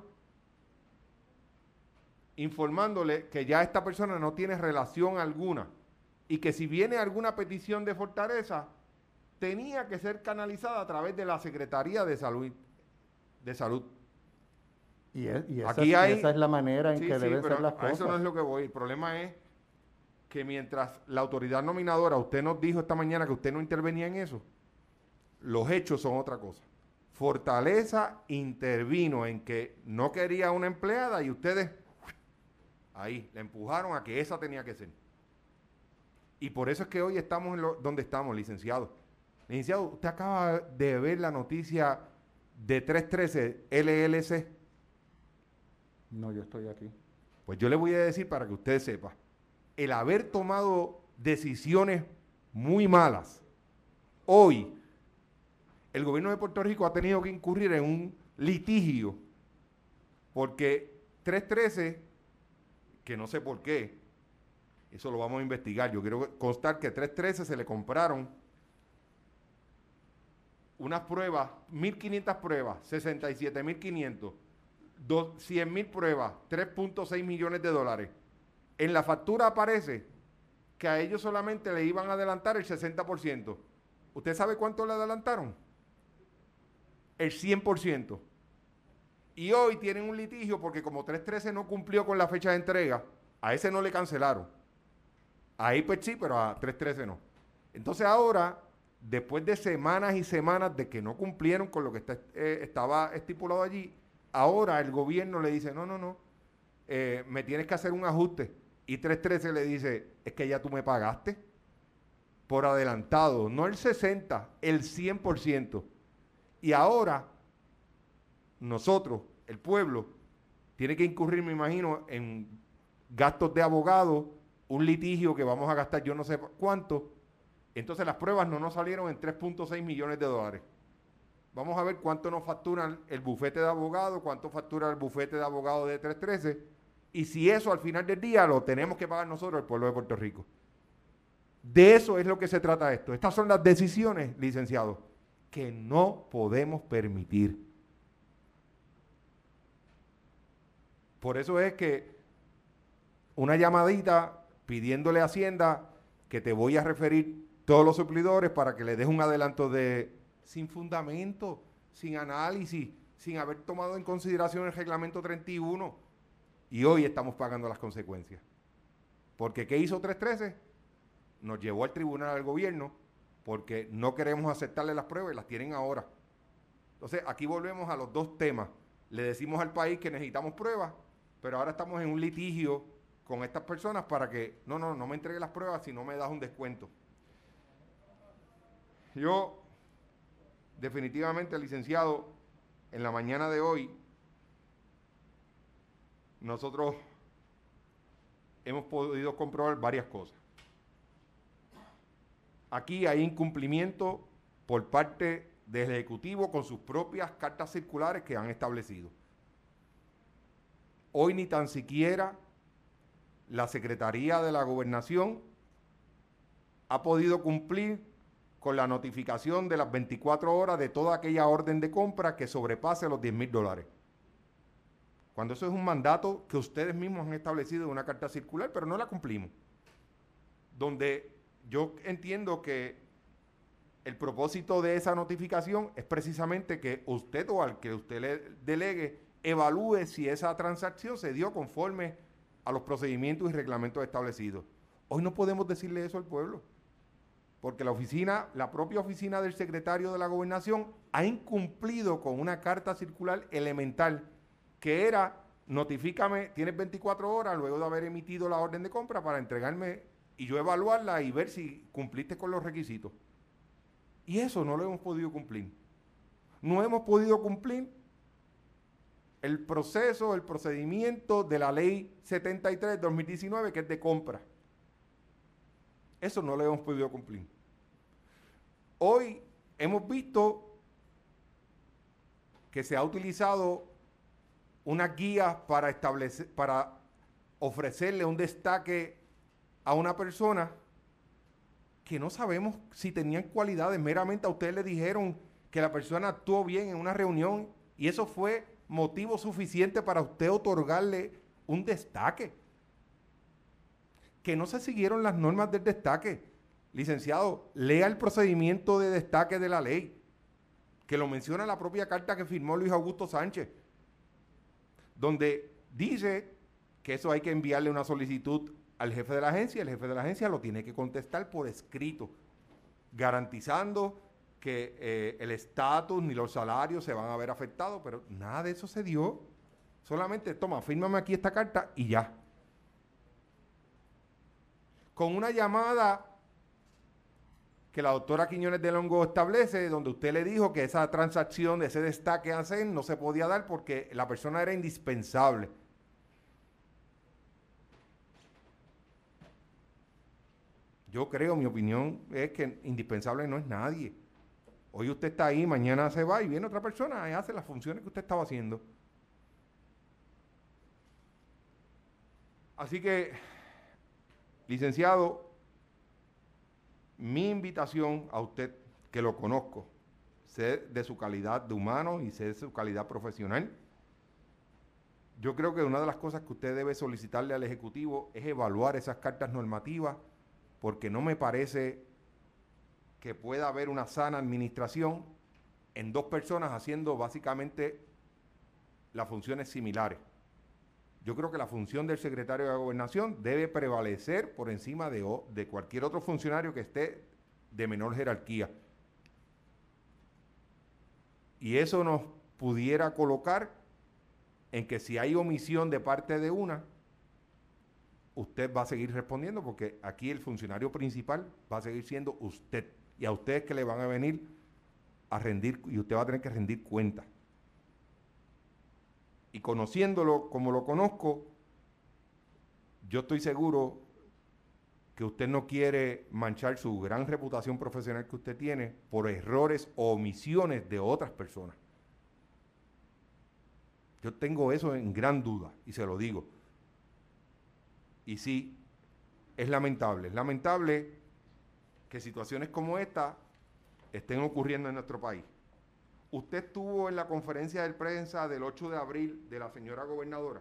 informándole que ya esta persona no tiene relación alguna y que si viene alguna petición de Fortaleza tenía que ser canalizada a través de la Secretaría de Salud. De Salud. Y, es- y esa, Aquí es, hay, y esa es la manera en sí, que sí, deben pero ser las a cosas. eso no es lo que voy. El problema es que mientras la autoridad nominadora, usted nos dijo esta mañana que usted no intervenía en eso, los hechos son otra cosa. Fortaleza intervino en que no quería una empleada y ustedes ahí le empujaron a que esa tenía que ser. Y por eso es que hoy estamos en lo, donde estamos, licenciado. Licenciado, usted acaba de ver la noticia de trescientos trece L L C. No, yo estoy aquí. Pues yo le voy a decir para que usted sepa, el haber tomado decisiones muy malas, hoy el gobierno de Puerto Rico ha tenido que incurrir en un litigio porque trescientos trece, que no sé por qué, eso lo vamos a investigar, yo quiero constar que trescientos trece se le compraron unas pruebas, mil quinientas pruebas, sesenta y siete mil quinientos, cien mil pruebas, tres punto seis millones de dólares. En la factura aparece que a ellos solamente le iban a adelantar el sesenta por ciento. ¿Usted sabe cuánto le adelantaron? El cien por ciento. Y hoy tienen un litigio porque como trescientos trece no cumplió con la fecha de entrega, a ese no le cancelaron. A I P E C sí, pero a trescientos trece no. Entonces ahora, después de semanas y semanas de que no cumplieron con lo que está, eh, estaba estipulado allí, ahora el gobierno le dice, no, no, no, eh, me tienes que hacer un ajuste. Y trescientos trece le dice, es que ya tú me pagaste por adelantado, no el sesenta, el cien por ciento. Y ahora, nosotros, el pueblo, tiene que incurrir, me imagino, en gastos de abogado, un litigio que vamos a gastar yo no sé cuánto. Entonces las pruebas no nos salieron en tres punto seis millones de dólares. Vamos a ver cuánto nos factura el bufete de abogados, cuánto factura el bufete de abogados de trescientos trece, y si eso al final del día lo tenemos que pagar nosotros, el pueblo de Puerto Rico. De eso es lo que se trata esto. Estas son las decisiones, licenciados, que no podemos permitir. Por eso es que una llamadita pidiéndole a Hacienda que te voy a referir todos los suplidores para que le des un adelanto de sin fundamento, sin análisis, sin haber tomado en consideración el reglamento treinta y uno. Y hoy estamos pagando las consecuencias. Porque ¿qué hizo trescientos trece? Nos llevó al tribunal al gobierno porque no queremos aceptarle las pruebas y las tienen ahora. Entonces, aquí volvemos a los dos temas. Le decimos al país que necesitamos pruebas, pero ahora estamos en un litigio con estas personas para que, no, no, no me entregue las pruebas si no me das un descuento. Yo, definitivamente, licenciado, en la mañana de hoy, nosotros hemos podido comprobar varias cosas. Aquí hay incumplimiento por parte del Ejecutivo con sus propias cartas circulares que han establecido. Hoy ni tan siquiera la Secretaría de la Gobernación ha podido cumplir con la notificación de las veinticuatro horas de toda aquella orden de compra que sobrepase los diez mil dólares. Cuando eso es un mandato que ustedes mismos han establecido en una carta circular, pero no la cumplimos. Donde yo entiendo que el propósito de esa notificación es precisamente que usted o al que usted le delegue evalúe si esa transacción se dio conforme a los procedimientos y reglamentos establecidos. Hoy no podemos decirle eso al pueblo, porque la oficina, la propia oficina del secretario de la Gobernación ha incumplido con una carta circular elemental que era, notifícame, tienes veinticuatro horas luego de haber emitido la orden de compra para entregarme y yo evaluarla y ver si cumpliste con los requisitos. Y eso no lo hemos podido cumplir. No hemos podido cumplir el proceso, el procedimiento de la ley setenta y tres de dos mil diecinueve, que es de compra. Eso no lo hemos podido cumplir. Hoy hemos visto que se ha utilizado unas guías para establecer, para ofrecerle un destaque a una persona que no sabemos si tenían cualidades. Meramente a ustedes le dijeron que la persona actuó bien en una reunión y eso fue motivo suficiente para usted otorgarle un destaque. Que no se siguieron las normas del destaque. Licenciado, lea el procedimiento de destaque de la ley, que lo menciona la propia carta que firmó Luis Augusto Sánchez, donde dice que eso hay que enviarle una solicitud al jefe de la agencia, el jefe de la agencia lo tiene que contestar por escrito, garantizando que eh, el estatus ni los salarios se van a ver afectados, pero nada de eso se dio. Solamente, toma, fírmame aquí esta carta y ya. Con una llamada que la doctora Quiñones de Longo establece, donde usted le dijo que esa transacción, ese destaque a hacer, no se podía dar porque la persona era indispensable. Yo creo, mi opinión es que indispensable no es nadie. Hoy usted está ahí, mañana se va y viene otra persona y hace las funciones que usted estaba haciendo. Así que, licenciado, mi invitación a usted, que lo conozco, sé de su calidad de humano y sé de su calidad profesional. Yo creo que una de las cosas que usted debe solicitarle al Ejecutivo es evaluar esas cartas normativas, porque no me parece que pueda haber una sana administración en dos personas haciendo básicamente las funciones similares. Yo creo que la función del secretario de la Gobernación debe prevalecer por encima de, de cualquier otro funcionario que esté de menor jerarquía. Y eso nos pudiera colocar en que si hay omisión de parte de una, usted va a seguir respondiendo, porque aquí el funcionario principal va a seguir siendo usted. Y a ustedes que le van a venir a rendir, y usted va a tener que rendir cuenta. Y conociéndolo como lo conozco, yo estoy seguro que usted no quiere manchar su gran reputación profesional que usted tiene por errores o omisiones de otras personas. Yo tengo eso en gran duda y se lo digo. Y sí, es lamentable, es lamentable que situaciones como esta estén ocurriendo en nuestro país. ¿Usted estuvo en la conferencia de prensa del ocho de abril de la señora gobernadora?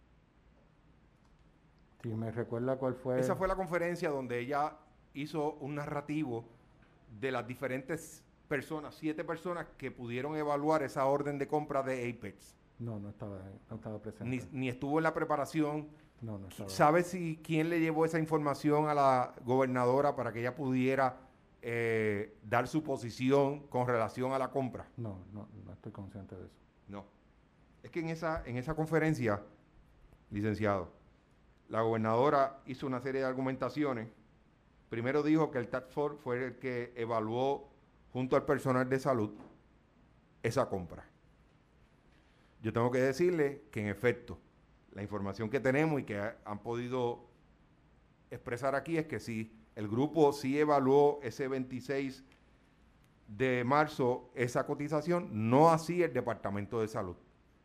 Si me recuerda cuál fue. Esa fue la conferencia donde ella hizo un narrativo de las diferentes personas, siete personas que pudieron evaluar esa orden de compra de Apex. No, no estaba, no estaba presente. Ni, ni estuvo en la preparación. No, no estaba. ¿Sabe si quién le llevó esa información a la gobernadora para que ella pudiera eh, dar su posición con relación a la compra? No, no, no estoy consciente de eso. No. Es que en esa, en esa conferencia, licenciado, la gobernadora hizo una serie de argumentaciones. Primero dijo que el Task Force fue el que evaluó junto al personal de salud esa compra. Yo tengo que decirle que en efecto, la información que tenemos y que ha, han podido expresar aquí es que sí, el grupo sí evaluó ese veintiséis de marzo esa cotización, no así el Departamento de Salud.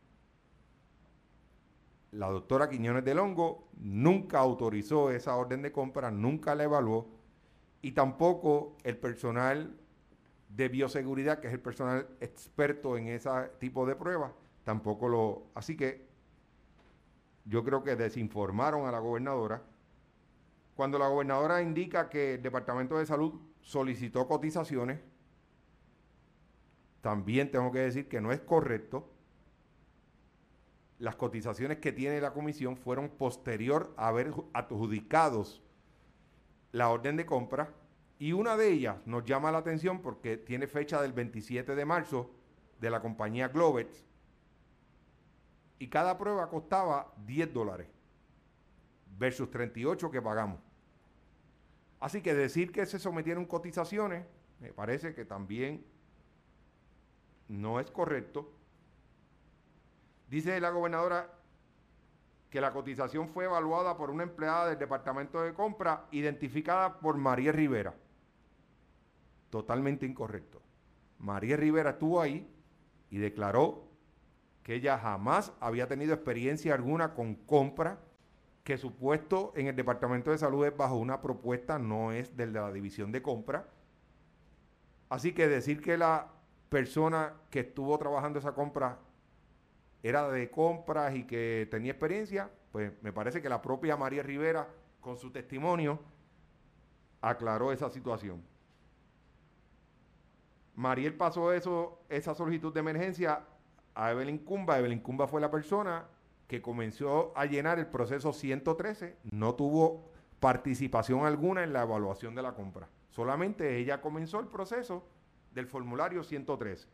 La doctora Quiñones del Hongo nunca autorizó esa orden de compra, nunca la evaluó, y tampoco el personal de bioseguridad, que es el personal experto en ese tipo de pruebas, tampoco lo... Así que yo creo que desinformaron a la gobernadora. Cuando la gobernadora indica que el Departamento de Salud solicitó cotizaciones, también tengo que decir que no es correcto. Las cotizaciones que tiene la comisión fueron posterior a haber adjudicados la orden de compra, y una de ellas nos llama la atención porque tiene fecha del veintisiete de marzo de la compañía Globex, y cada prueba costaba diez dólares versus treinta y ocho que pagamos. Así que decir que se sometieron cotizaciones me parece que también no es correcto. Dice la gobernadora que la cotización fue evaluada por una empleada del Departamento de Compra identificada por María Rivera. Totalmente incorrecto. María Rivera estuvo ahí y declaró que ella jamás había tenido experiencia alguna con compra, que su puesto en el Departamento de Salud es bajo una propuesta, no es del de la división de compra. Así que decir que la persona que estuvo trabajando esa compra era de compras y que tenía experiencia, pues me parece que la propia María Rivera, con su testimonio, aclaró esa situación. Mariel pasó eso, esa solicitud de emergencia a Evelyn Cumba. Evelyn Cumba fue la persona que comenzó a llenar el proceso ciento trece, no tuvo participación alguna en la evaluación de la compra. Solamente ella comenzó el proceso del formulario ciento trece.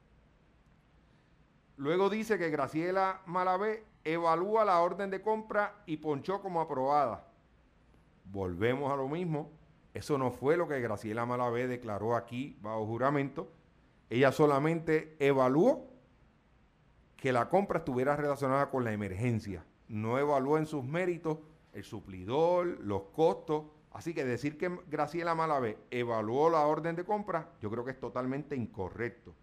Luego dice que Graciela Malavé evalúa la orden de compra y ponchó como aprobada. Volvemos a lo mismo. Eso no fue lo que Graciela Malavé declaró aquí bajo juramento. Ella solamente evaluó que la compra estuviera relacionada con la emergencia. No evaluó en sus méritos el suplidor, los costos. Así que decir que Graciela Malavé evaluó la orden de compra, yo creo que es totalmente incorrecto.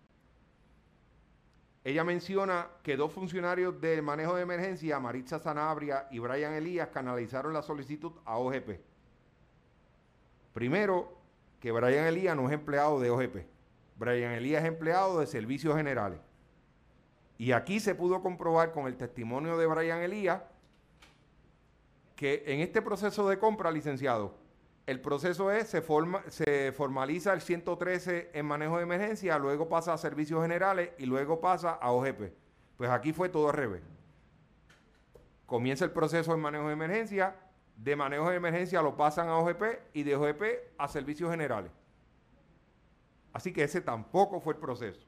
Ella menciona que dos funcionarios de manejo de emergencia, Maritza Sanabria y Brian Elías, canalizaron la solicitud a O G P. Primero, que Brian Elías no es empleado de O G P. Brian Elías es empleado de Servicios Generales. Y aquí se pudo comprobar con el testimonio de Brian Elías que en este proceso de compra, licenciado, el proceso es, se, forma, se formaliza el ciento trece en manejo de emergencia, luego pasa a Servicios Generales y luego pasa a O G P. Pues aquí fue todo al revés. Comienza el proceso en manejo de emergencia, de manejo de emergencia lo pasan a O G P y de O G P a Servicios Generales. Así que ese tampoco fue el proceso.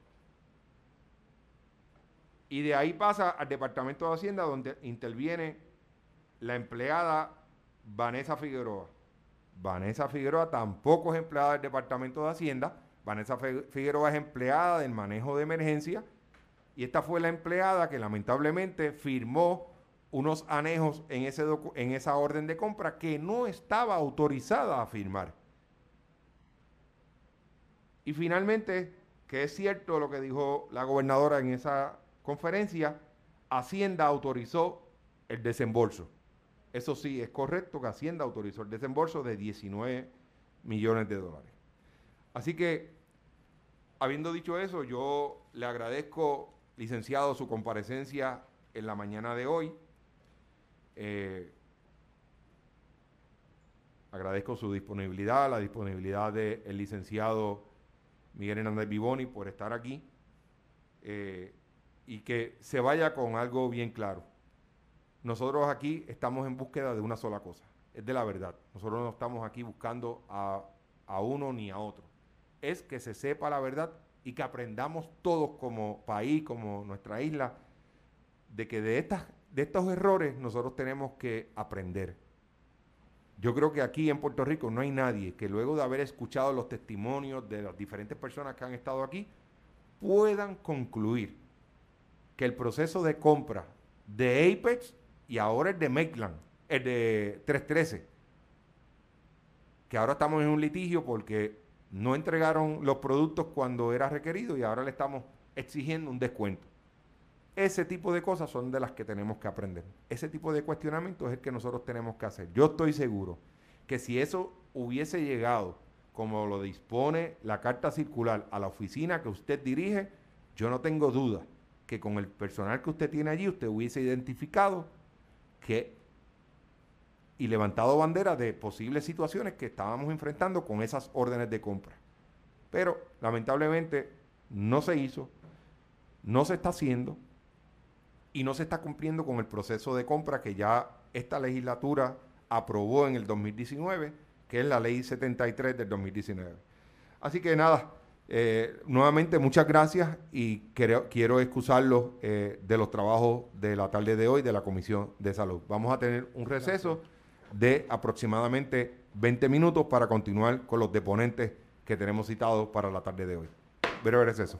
Y de ahí pasa al Departamento de Hacienda, donde interviene la empleada Vanessa Figueroa. Vanessa Figueroa tampoco es empleada del Departamento de Hacienda. Vanessa Figueroa es empleada del manejo de emergencia, y esta fue la empleada que lamentablemente firmó unos anejos en, ese en esa orden de compra que no estaba autorizada a firmar. Y finalmente, que es cierto lo que dijo la gobernadora en esa conferencia, Hacienda autorizó el desembolso. Eso sí, es correcto que Hacienda autorizó el desembolso de diecinueve millones de dólares. Así que habiendo dicho eso, yo le agradezco, licenciado, su comparecencia en la mañana de hoy. Eh, agradezco su disponibilidad, la disponibilidad del licenciado Miguel Hernández Vivoni por estar aquí. Eh, y que se vaya con algo bien claro. Nosotros aquí estamos en búsqueda de una sola cosa, es de la verdad. Nosotros no estamos aquí buscando a, a uno ni a otro. Es que se sepa la verdad y que aprendamos todos como país, como nuestra isla, de que de, estas, de estos errores nosotros tenemos que aprender. Yo creo que aquí en Puerto Rico no hay nadie que luego de haber escuchado los testimonios de las diferentes personas que han estado aquí, puedan concluir que el proceso de compra de Apex y ahora el de Maitland, el de trescientos trece, que ahora estamos en un litigio porque no entregaron los productos cuando era requerido y ahora le estamos exigiendo un descuento. Ese tipo de cosas son de las que tenemos que aprender. Ese tipo de cuestionamiento es el que nosotros tenemos que hacer. Yo estoy seguro que si eso hubiese llegado, como lo dispone la carta circular, a la oficina que usted dirige, yo no tengo duda que con el personal que usted tiene allí, usted hubiese identificado que y levantado bandera de posibles situaciones que estábamos enfrentando con esas órdenes de compra. Pero, lamentablemente, no se hizo, no se está haciendo y no se está cumpliendo con el proceso de compra que ya esta legislatura aprobó en el dos mil diecinueve, que es la ley setenta y tres del dos mil diecinueve. Así que nada, eh, nuevamente muchas gracias y quiero, quiero excusarlos eh, de los trabajos de la tarde de hoy de la Comisión de Salud. Vamos a tener un receso de aproximadamente veinte minutos para continuar con los deponentes que tenemos citados para la tarde de hoy. Breve receso.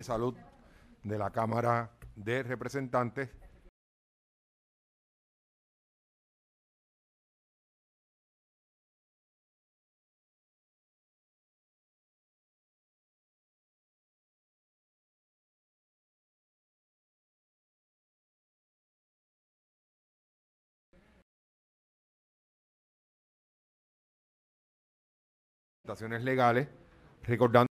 Salud de la Cámara de Representantes. Legales, recordando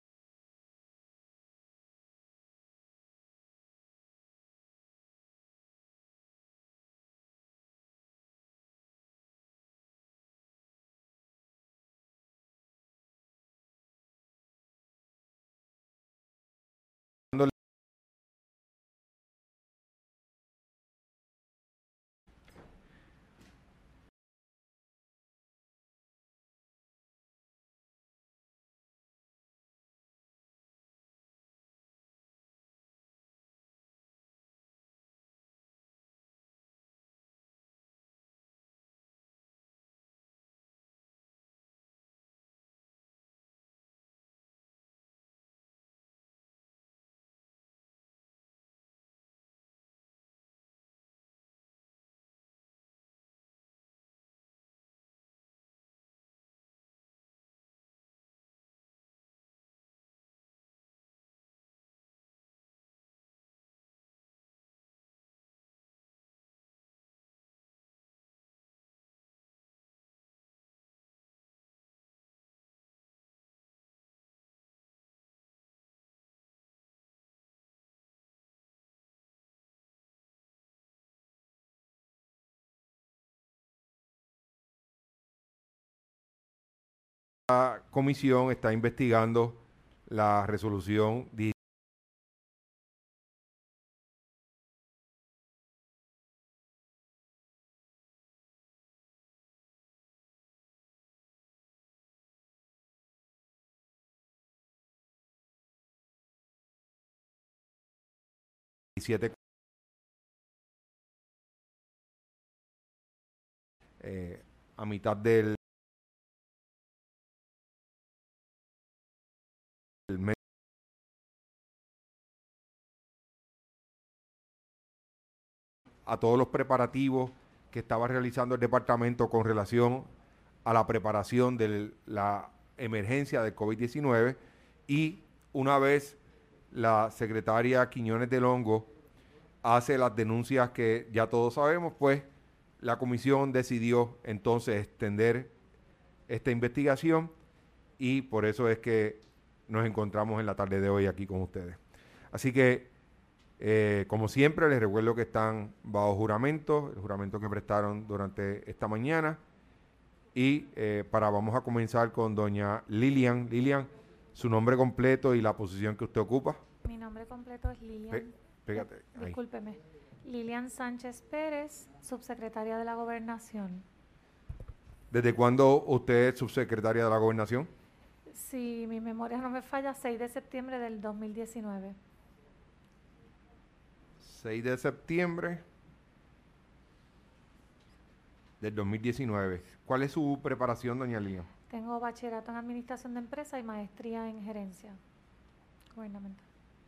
la comisión está investigando la resolución diecisiete eh, a mitad del mes a todos los preparativos que estaba realizando el departamento con relación a la preparación de la emergencia del COVID diecinueve, y una vez la secretaria Quiñones del Hongo hace las denuncias que ya todos sabemos, pues la comisión decidió entonces extender esta investigación, y por eso es que nos encontramos en la tarde de hoy aquí con ustedes. Así que, eh, como siempre, les recuerdo que están bajo juramento, el juramento que prestaron durante esta mañana. Y eh, para vamos a comenzar con doña Lilian. Lilian, su nombre completo y la posición que usted ocupa. Mi nombre completo es Lilian. Pe pégate, eh, ahí. Discúlpeme. Lilian Sánchez Pérez, subsecretaria de la Gobernación. ¿Desde cuándo usted es subsecretaria de la Gobernación? Si mi memoria no me falla, seis de septiembre del dos mil diecinueve. seis de septiembre del dos mil diecinueve. ¿Cuál es su preparación, doña Lilian? Tengo bachillerato en Administración de Empresas y maestría en Gerencia Gubernamental.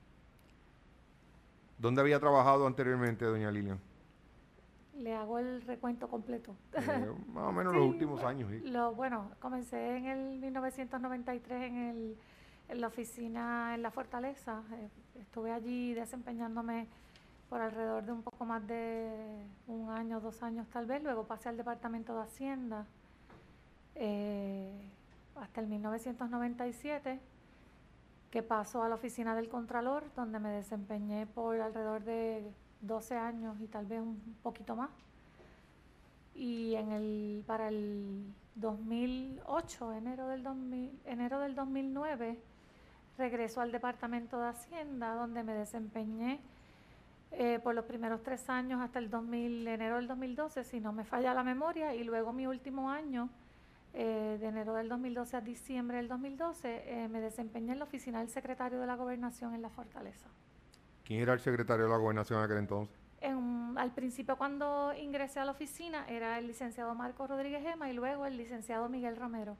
¿Dónde había trabajado anteriormente, doña Lilian? Le hago el recuento completo. Eh, más o menos Sí, los últimos años. ¿Sí? Lo, bueno, comencé en el mil novecientos noventa y tres en, el, en la oficina en La Fortaleza. Eh, estuve allí desempeñándome por alrededor de un poco más de un año, dos años tal vez. Luego pasé al Departamento de Hacienda eh, hasta el mil novecientos noventa y siete, que pasó a la oficina del Contralor, donde me desempeñé por alrededor de doce años y tal vez un poquito más. Y en el para el dos mil ocho, enero del, dos mil, enero del dos mil nueve, regreso al Departamento de Hacienda, donde me desempeñé eh, por los primeros tres años hasta el dos mil, enero del dos mil doce, si no me falla la memoria, y luego mi último año, eh, de enero del dos mil doce a diciembre del dos mil doce, eh, me desempeñé en la oficina del secretario de la Gobernación en La Fortaleza. ¿Quién era el secretario de la Gobernación en aquel entonces? En, al principio, cuando ingresé a la oficina, era el licenciado Marco Rodríguez Gema y luego el licenciado Miguel Romero.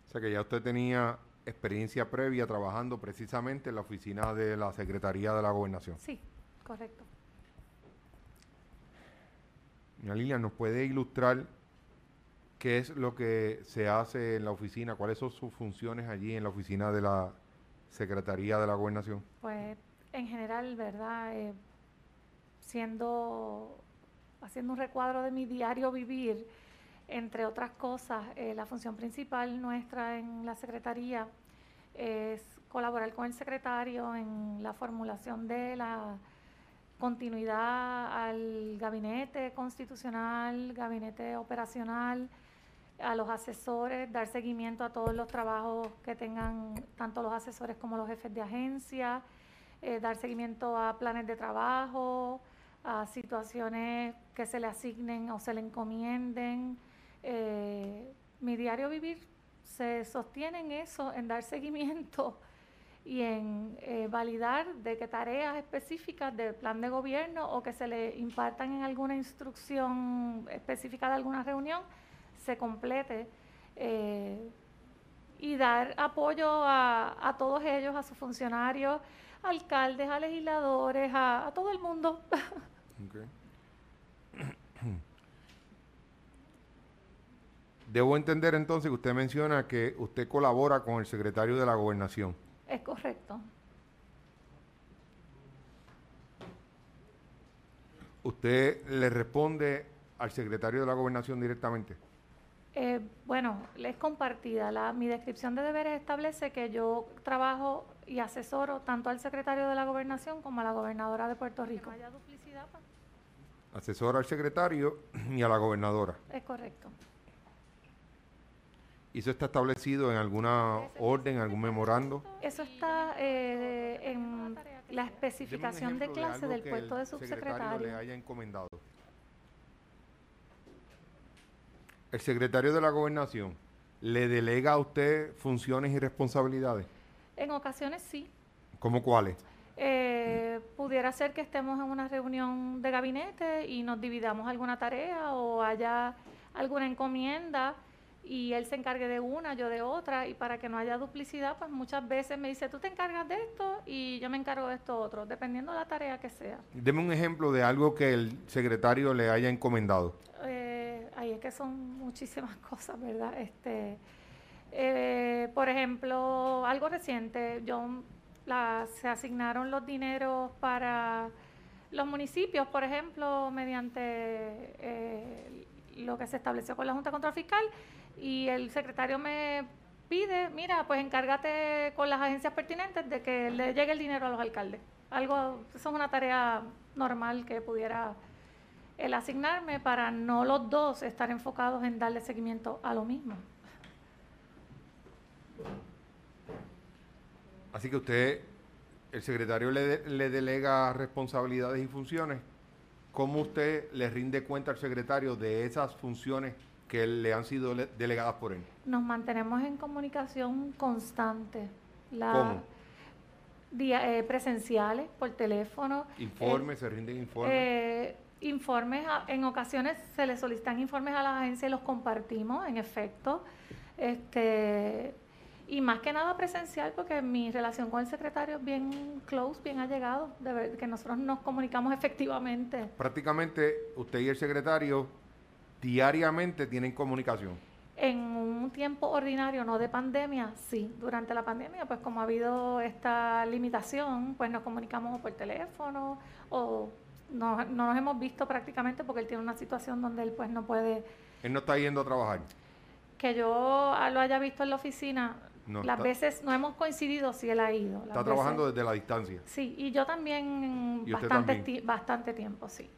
O sea que ya usted tenía experiencia previa trabajando precisamente en la oficina de la Secretaría de la Gobernación. Sí, correcto. Doña Lilian, ¿nos puede ilustrar qué es lo que se hace en la oficina? ¿Cuáles son sus funciones allí en la oficina de la Secretaría de la Gobernación? Pues en general, ¿verdad? Eh, siendo, haciendo un recuadro de mi diario vivir, entre otras cosas, eh, la función principal nuestra en la Secretaría es colaborar con el secretario en la formulación de la continuidad al gabinete constitucional, gabinete operacional, a los asesores, dar seguimiento a todos los trabajos que tengan tanto los asesores como los jefes de agencia, eh, dar seguimiento a planes de trabajo, a situaciones que se le asignen o se le encomienden. Eh, mi diario vivir se sostiene en eso, en dar seguimiento y en eh, validar de qué tareas específicas del plan de gobierno o que se le impartan en alguna instrucción específica de alguna reunión se complete, eh, y dar apoyo a, a todos ellos, a sus funcionarios, alcaldes, a legisladores, a, a todo el mundo. Okay. Debo entender entonces que usted menciona que usted colabora con el secretario de la Gobernación. Es correcto. ¿Usted le responde al secretario de la Gobernación directamente? Eh, bueno, es compartida. La, mi descripción de deberes establece que yo trabajo y asesoro tanto al secretario de la Gobernación como a la gobernadora de Puerto Rico. Que no haya duplicidad, pues. Asesora al secretario y a la gobernadora. Es correcto. ¿Y eso está establecido en alguna orden, algún memorando? Eso está eh, en la especificación de clase del puesto de subsecretario. El secretario le haya encomendado. ¿El secretario de la Gobernación le delega a usted funciones y responsabilidades? En ocasiones sí. ¿Cómo cuáles? Eh, pudiera ser que estemos en una reunión de gabinete y nos dividamos alguna tarea o haya alguna encomienda y él se encargue de una, yo de otra, y para que no haya duplicidad, pues muchas veces me dice, tú te encargas de esto y yo me encargo de esto otro, dependiendo de la tarea que sea. Deme un ejemplo de algo que el secretario le haya encomendado. Eh, ahí es que son muchísimas cosas, ¿verdad? Este, eh, por ejemplo, algo reciente, yo la, se asignaron los dineros para los municipios, por ejemplo, mediante eh, lo que se estableció con la Junta de Control Fiscal, y el secretario me pide, mira, pues encárgate con las agencias pertinentes de que le llegue el dinero a los alcaldes. Algo, eso es una tarea normal que pudiera el asignarme para no los dos estar enfocados en darle seguimiento a lo mismo. Así que usted, el secretario le, de, le delega responsabilidades y funciones. ¿Cómo usted le rinde cuenta al secretario de esas funciones que le han sido le, delegadas por él? Nos mantenemos en comunicación constante. La, ¿Cómo? Día, eh, presenciales, por teléfono. ¿Informes? Eh, ¿Se rinden informes? Eh, informes, a, en ocasiones se le solicitan informes a las agencias y los compartimos, en efecto. Este, y más que nada presencial, porque mi relación con el secretario es bien close, bien allegado, de ver, que nosotros nos comunicamos efectivamente. Prácticamente usted y el secretario diariamente tienen comunicación. En un tiempo ordinario, no de pandemia, sí. Durante la pandemia, pues como ha habido esta limitación, pues nos comunicamos por teléfono o no, no nos hemos visto prácticamente porque él tiene una situación donde él pues no puede... Él no está yendo a trabajar. Que yo lo haya visto en la oficina, no, las está, veces no hemos coincidido si él ha ido. Está trabajando veces, desde la distancia. Sí, y yo también ¿Y bastante, también? bastante tiempo, sí.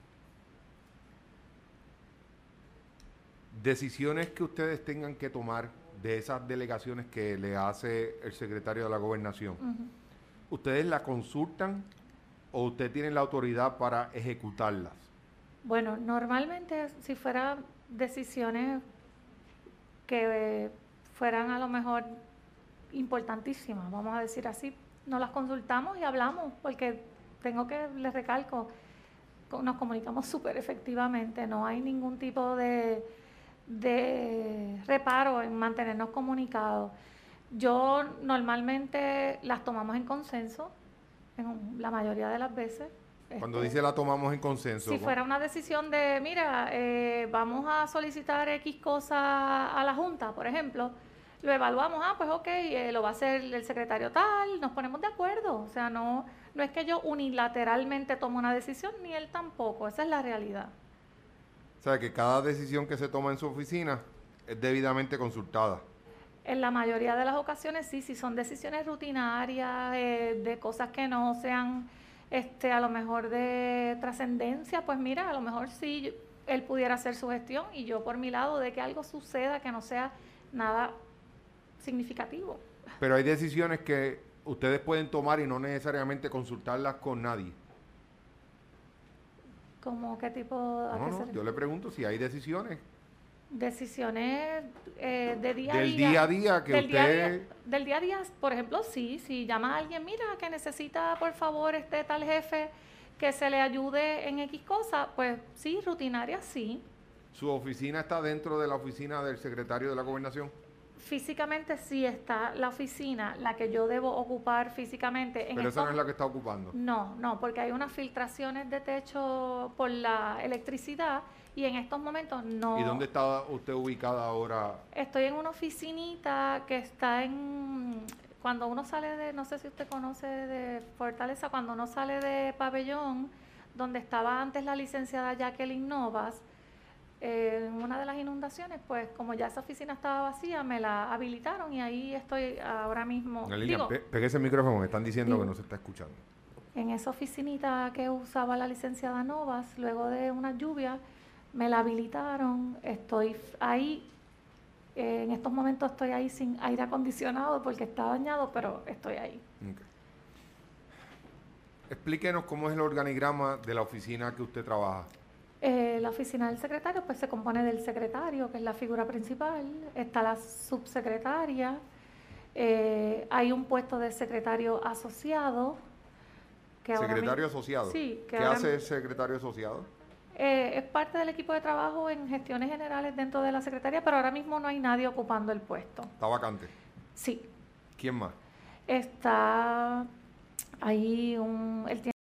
Decisiones que ustedes tengan que tomar de esas delegaciones que le hace el secretario de la Gobernación, uh-huh. ¿Ustedes la consultan o ustedes tienen la autoridad para ejecutarlas? Bueno, normalmente si fueran decisiones que eh, fueran a lo mejor importantísimas, vamos a decir así, nos las consultamos y hablamos, porque tengo que, les recalco, nos comunicamos súper efectivamente, no hay ningún tipo de... de reparo en mantenernos comunicados. Yo normalmente las tomamos en consenso, en la mayoría de las veces. Cuando Este, dice la tomamos en consenso. Si fuera una decisión de, mira, eh, vamos a solicitar X cosa a la Junta, por ejemplo, lo evaluamos, ah, pues ok, eh, lo va a hacer el secretario tal, nos ponemos de acuerdo. O sea, no, no es que yo unilateralmente tomo una decisión, ni él tampoco, esa es la realidad. O sea, que cada decisión que se toma en su oficina es debidamente consultada. En la mayoría de las ocasiones sí, si son decisiones rutinarias, eh, de cosas que no sean este, a lo mejor de trascendencia, pues mira, a lo mejor sí él pudiera hacer su gestión y yo por mi lado de que algo suceda que no sea nada significativo. Pero hay decisiones que ustedes pueden tomar y no necesariamente consultarlas con nadie. ¿Cómo qué tipo? ¿A No, qué no, se yo le pregunto si hay decisiones Decisiones eh, de día a del día. día a día que del usted... Día a día, del día a día, por ejemplo, sí, si llama a alguien, mira, que necesita por favor este tal jefe que se le ayude en X cosa, pues sí, rutinaria, sí. ¿Su oficina está dentro de la oficina del secretario de la Gobernación? Físicamente sí está la oficina, la que yo debo ocupar físicamente. En Pero esa estos, no es la que está ocupando. No, no, porque hay unas filtraciones de techo por la electricidad y en estos momentos no. ¿Y dónde está usted ubicada ahora? Estoy en una oficinita que está en, cuando uno sale de, no sé si usted conoce de Fortaleza, cuando uno sale de Pabellón, donde estaba antes la licenciada Jacqueline Novas, eh, en una de las inundaciones, pues como ya esa oficina estaba vacía, me la habilitaron y ahí estoy ahora mismo. Lilian, Digo, pe pegue ese micrófono, me están diciendo digo, que no se está escuchando. En esa oficinita que usaba la licenciada Novas, luego de una lluvia, me la habilitaron, estoy ahí. Eh, en estos momentos estoy ahí sin aire acondicionado porque está dañado, pero estoy ahí. Okay. Explíquenos cómo es el organigrama de la oficina que usted trabaja. Eh, la oficina del secretario pues se compone del secretario, que es la figura principal, está la subsecretaria, eh, hay un puesto de secretario asociado. Que ¿Secretario ahora, asociado? Sí. Que ¿Qué ahora, hace el secretario asociado? Eh, es parte del equipo de trabajo en gestiones generales dentro de la secretaría, pero ahora mismo no hay nadie ocupando el puesto. ¿Está vacante? Sí. ¿Quién más? Está ahí un... El tiempo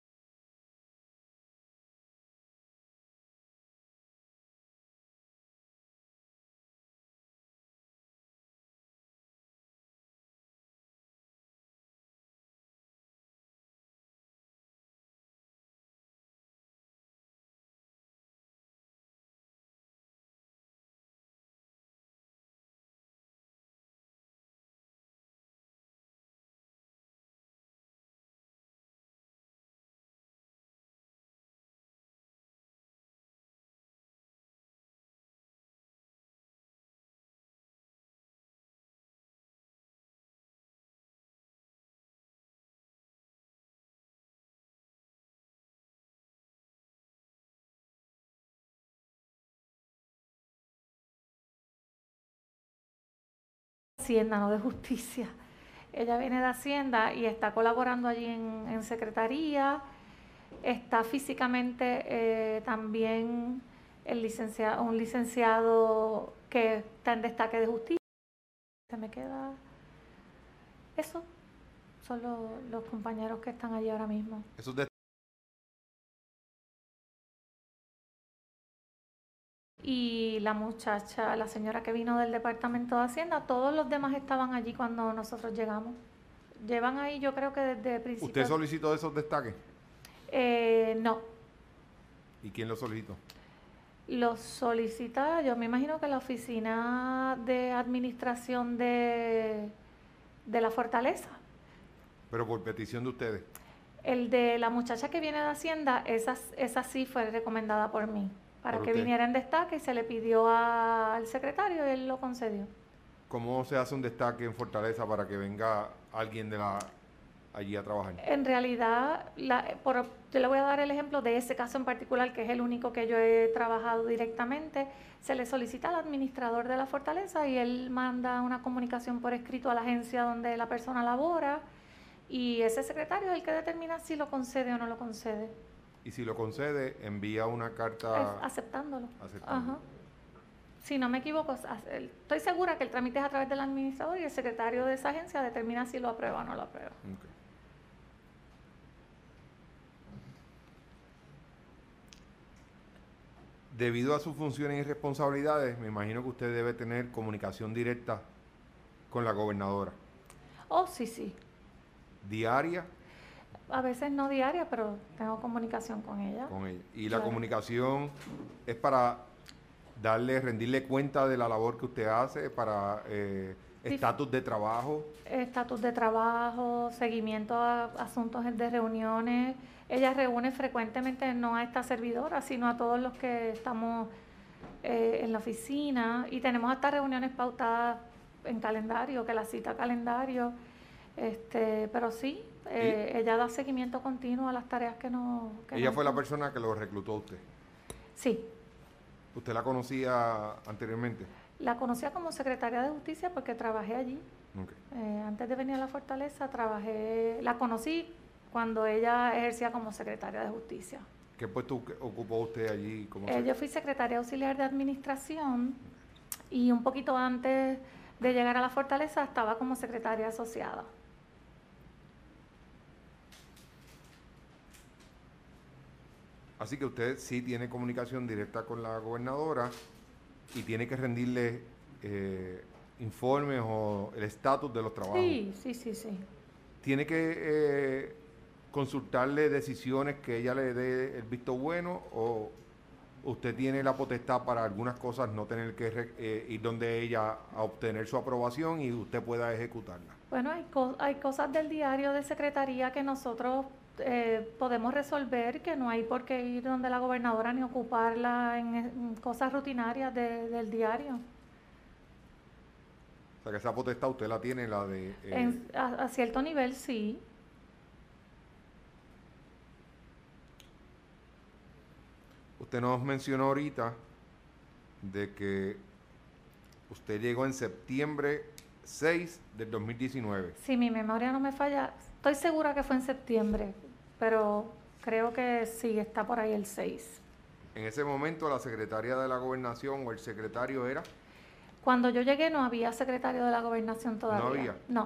de Hacienda, no de Justicia. Ella viene de Hacienda y está colaborando allí en, en secretaría. Está físicamente eh, también el licenciado, un licenciado que está en destaque de justicia. Se me queda eso. Son los, los compañeros que están allí ahora mismo. Esos de Y la muchacha, la señora que vino del Departamento de Hacienda, todos los demás estaban allí cuando nosotros llegamos. Llevan ahí, yo creo que desde el principio. ¿Usted solicitó esos destaques? Eh, no. ¿Y quién los solicitó? Los solicita, yo me imagino que la oficina de administración de, de la Fortaleza. Pero por petición de ustedes. El de la muchacha que viene de Hacienda, esa, esa sí fue recomendada por mí, para ¿Por que usted? viniera en destaque y se le pidió a, al secretario y él lo concedió. ¿Cómo se hace un destaque en Fortaleza para que venga alguien de la allí a trabajar? En realidad, la, por, yo le voy a dar el ejemplo de ese caso en particular, que es el único que yo he trabajado directamente. Se le solicita al administrador de la Fortaleza y él manda una comunicación por escrito a la agencia donde la persona labora y ese secretario es el que determina si lo concede o no lo concede. Y si lo concede, envía una carta... Es aceptándolo. aceptándolo. Ajá. si no me equivoco, estoy segura que el trámite es a través del administrador y el secretario de esa agencia determina si lo aprueba o no lo aprueba. Okay. Debido a sus funciones y responsabilidades, me imagino que usted debe tener comunicación directa con la gobernadora. Oh, sí, sí. ¿Diaria? A veces no diaria, pero tengo comunicación con ella. Con ella. Y claro. La comunicación es para darle, rendirle cuenta de la labor que usted hace, para eh, estatus de trabajo. Estatus de trabajo, seguimiento a asuntos de reuniones. Ella reúne frecuentemente no a esta servidora, sino a todos los que estamos eh, en la oficina. Y tenemos hasta reuniones pautadas en calendario, que la cita calendario. Este, pero sí, eh, ella da seguimiento continuo a las tareas que nos... Que ¿Ella nos fue la persona que lo reclutó a usted? Sí. ¿Usted la conocía anteriormente? La conocía como secretaria de Justicia porque trabajé allí. Okay. Eh, antes de venir a la Fortaleza, trabajé, la conocí cuando ella ejercía como secretaria de Justicia. ¿Qué puesto ocupó usted allí? Como eh, yo fui secretaria auxiliar de Administración y un poquito antes de llegar a la Fortaleza estaba como secretaria asociada. Así que usted sí tiene comunicación directa con la gobernadora y tiene que rendirle eh, informes o el estatus de los trabajos. Sí, sí, sí, sí. Tiene que eh, consultarle decisiones que ella le dé el visto bueno, o usted tiene la potestad para algunas cosas no tener que eh, ir donde ella a obtener su aprobación y usted pueda ejecutarla. Bueno, hay, co hay cosas del diario de secretaría que nosotros eh, podemos resolver, que no hay por qué ir donde la gobernadora ni ocuparla en, en cosas rutinarias de, del diario. O sea, que esa potestad usted la tiene, la de... Eh, en, a, a cierto nivel, sí. Usted nos mencionó ahorita de que usted llegó en septiembre seis del dos mil diecinueve. Si mi memoria no me falla, estoy segura que fue en septiembre, pero creo que sí, está por ahí el seis. En ese momento la secretaria de la gobernación o el secretario era... Cuando yo llegué no había secretario de la gobernación todavía. ¿No había? No.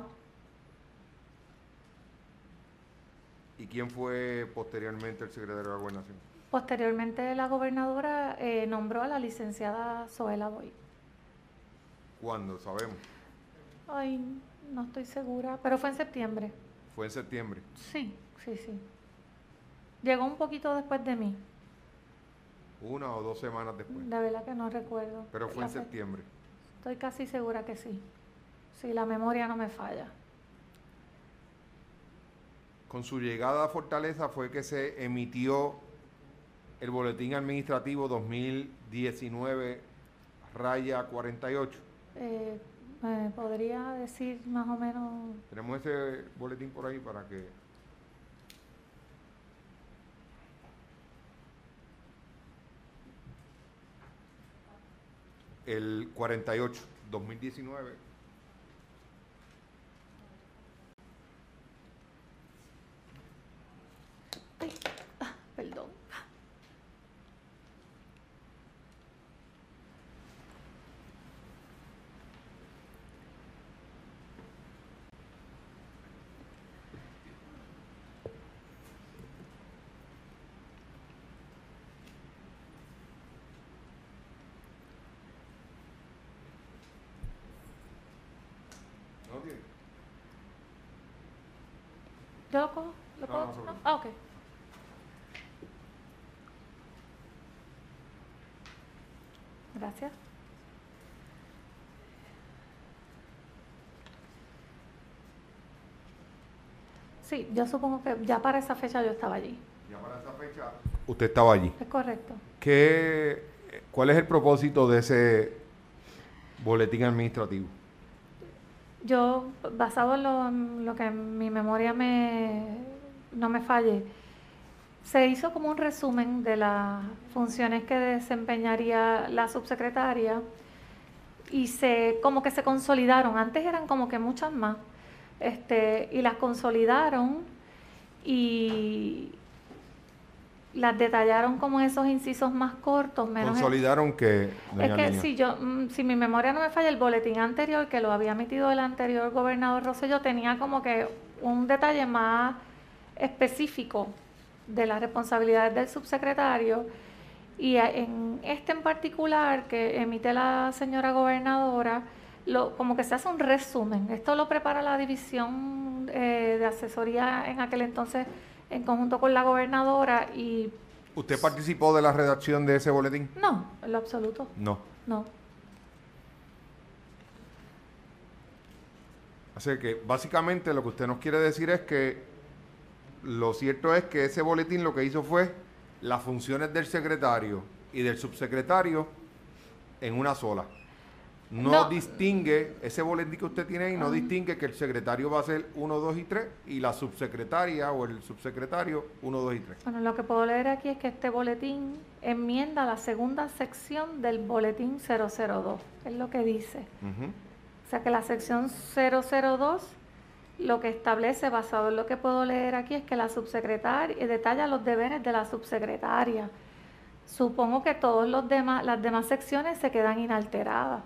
¿Y quién fue posteriormente el secretario de la gobernación? Posteriormente la gobernadora eh, nombró a la licenciada Zoela Boy. ¿Cuándo? ¿Sabemos? Ay, no estoy segura, pero fue en septiembre. ¿Fue en septiembre? Sí, sí, sí. Llegó un poquito después de mí. ¿Una o dos semanas después? De verdad que no recuerdo. Pero fue en septiembre. Estoy casi segura que sí. Sí, la memoria no me falla. Con su llegada a Fortaleza fue que se emitió el boletín administrativo dos mil diecinueve raya cuarenta y ocho. Eh, ¿Me podría decir más o menos? Tenemos ese boletín por ahí para que... El cuarenta y ocho, dos mil diecinueve. Ay, ah, perdón. ¿No tiene? ¿Yo lo cojo? ¿Lo No, cojo? no, sobre. ¿No? Ah, ok. Gracias. Sí, yo supongo que ya para esa fecha yo estaba allí. Ya para esa fecha usted estaba allí. Es correcto. ¿Qué, ¿Cuál es el propósito de ese boletín administrativo? Yo, basado en lo, en lo que mi memoria me, no me falle, se hizo como un resumen de las funciones que desempeñaría la subsecretaria y se como que se consolidaron. Antes eran como que muchas más, este, y las consolidaron y, las detallaron como esos incisos más cortos, menos... Consolidaron que... Es que si yo, si mi memoria no me falla, el boletín anterior, que lo había emitido el anterior gobernador Rosselló, tenía como que un detalle más específico de las responsabilidades del subsecretario, y en este en particular que emite la señora gobernadora, lo, como que se hace un resumen. Esto lo prepara la división eh, de asesoría en aquel entonces en conjunto con la gobernadora. Y ¿usted participó de la redacción de ese boletín? no, en lo absoluto. No. No. Así que básicamente lo que usted nos quiere decir es que lo cierto es que ese boletín lo que hizo fue las funciones del secretario y del subsecretario en una sola. No, no distingue, ese boletín que usted tiene ahí, no uh-huh. distingue que el secretario va a ser uno, dos y tres y la subsecretaria o el subsecretario uno, dos y tres. Bueno, lo que puedo leer aquí es que este boletín enmienda la segunda sección del boletín cero cero dos, es lo que dice. Uh-huh. O sea que la sección cero cero dos lo que establece, basado en lo que puedo leer aquí, es que la subsecretaria detalla los deberes de la subsecretaria. Supongo que todos los demás, las demás secciones se quedan inalteradas.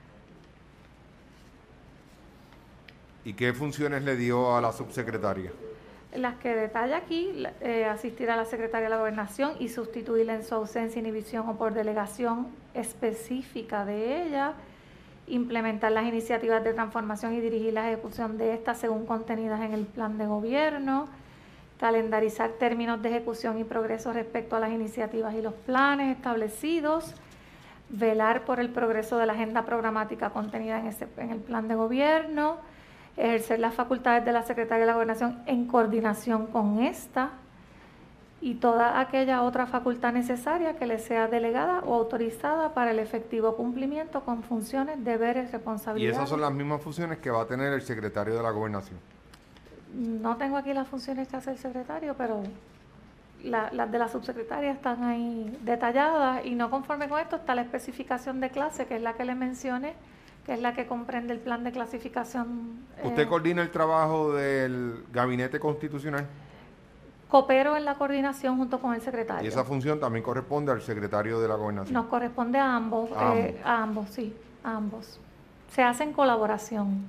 ¿Y qué funciones le dio a la subsecretaria? Las que detalla aquí, eh, asistir a la Secretaría de la Gobernación y sustituirla en su ausencia, inhibición o por delegación específica de ella, implementar las iniciativas de transformación y dirigir la ejecución de estas según contenidas en el plan de gobierno, calendarizar términos de ejecución y progreso respecto a las iniciativas y los planes establecidos, velar por el progreso de la agenda programática contenida en, ese, en el plan de gobierno, ejercer las facultades de la Secretaría de la Gobernación en coordinación con esta y toda aquella otra facultad necesaria que le sea delegada o autorizada para el efectivo cumplimiento con funciones, deberes, responsabilidades. ¿Y esas son las mismas funciones que va a tener el secretario de la Gobernación? No tengo aquí las funciones que hace el secretario, pero la, las de la subsecretaria están ahí detalladas, y no conforme con esto está la especificación de clase, que es la que le mencioné, que es la que comprende el plan de clasificación. ¿Usted eh, coordina el trabajo del gabinete constitucional? Coopero en la coordinación junto con el secretario. ¿Y esa función también corresponde al secretario de la Gobernación? Nos corresponde a ambos, a, eh, ambos. a ambos, sí, a ambos. Se hace en colaboración.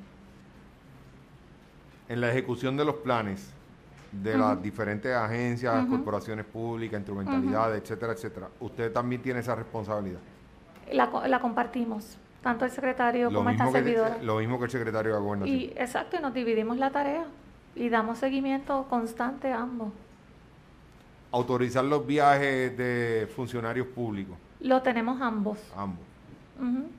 En la ejecución de los planes de uh-huh. las diferentes agencias, uh-huh. corporaciones públicas, instrumentalidades, uh-huh. etcétera, etcétera, ¿usted también tiene esa responsabilidad? La, la compartimos, tanto el secretario lo como esta servidora. Que, lo mismo que el secretario de la Gobernación. Y, exacto, y nos dividimos la tarea y damos seguimiento constante a ambos. Autorizar los viajes de funcionarios públicos. Lo tenemos ambos. Ambos. Uh-huh.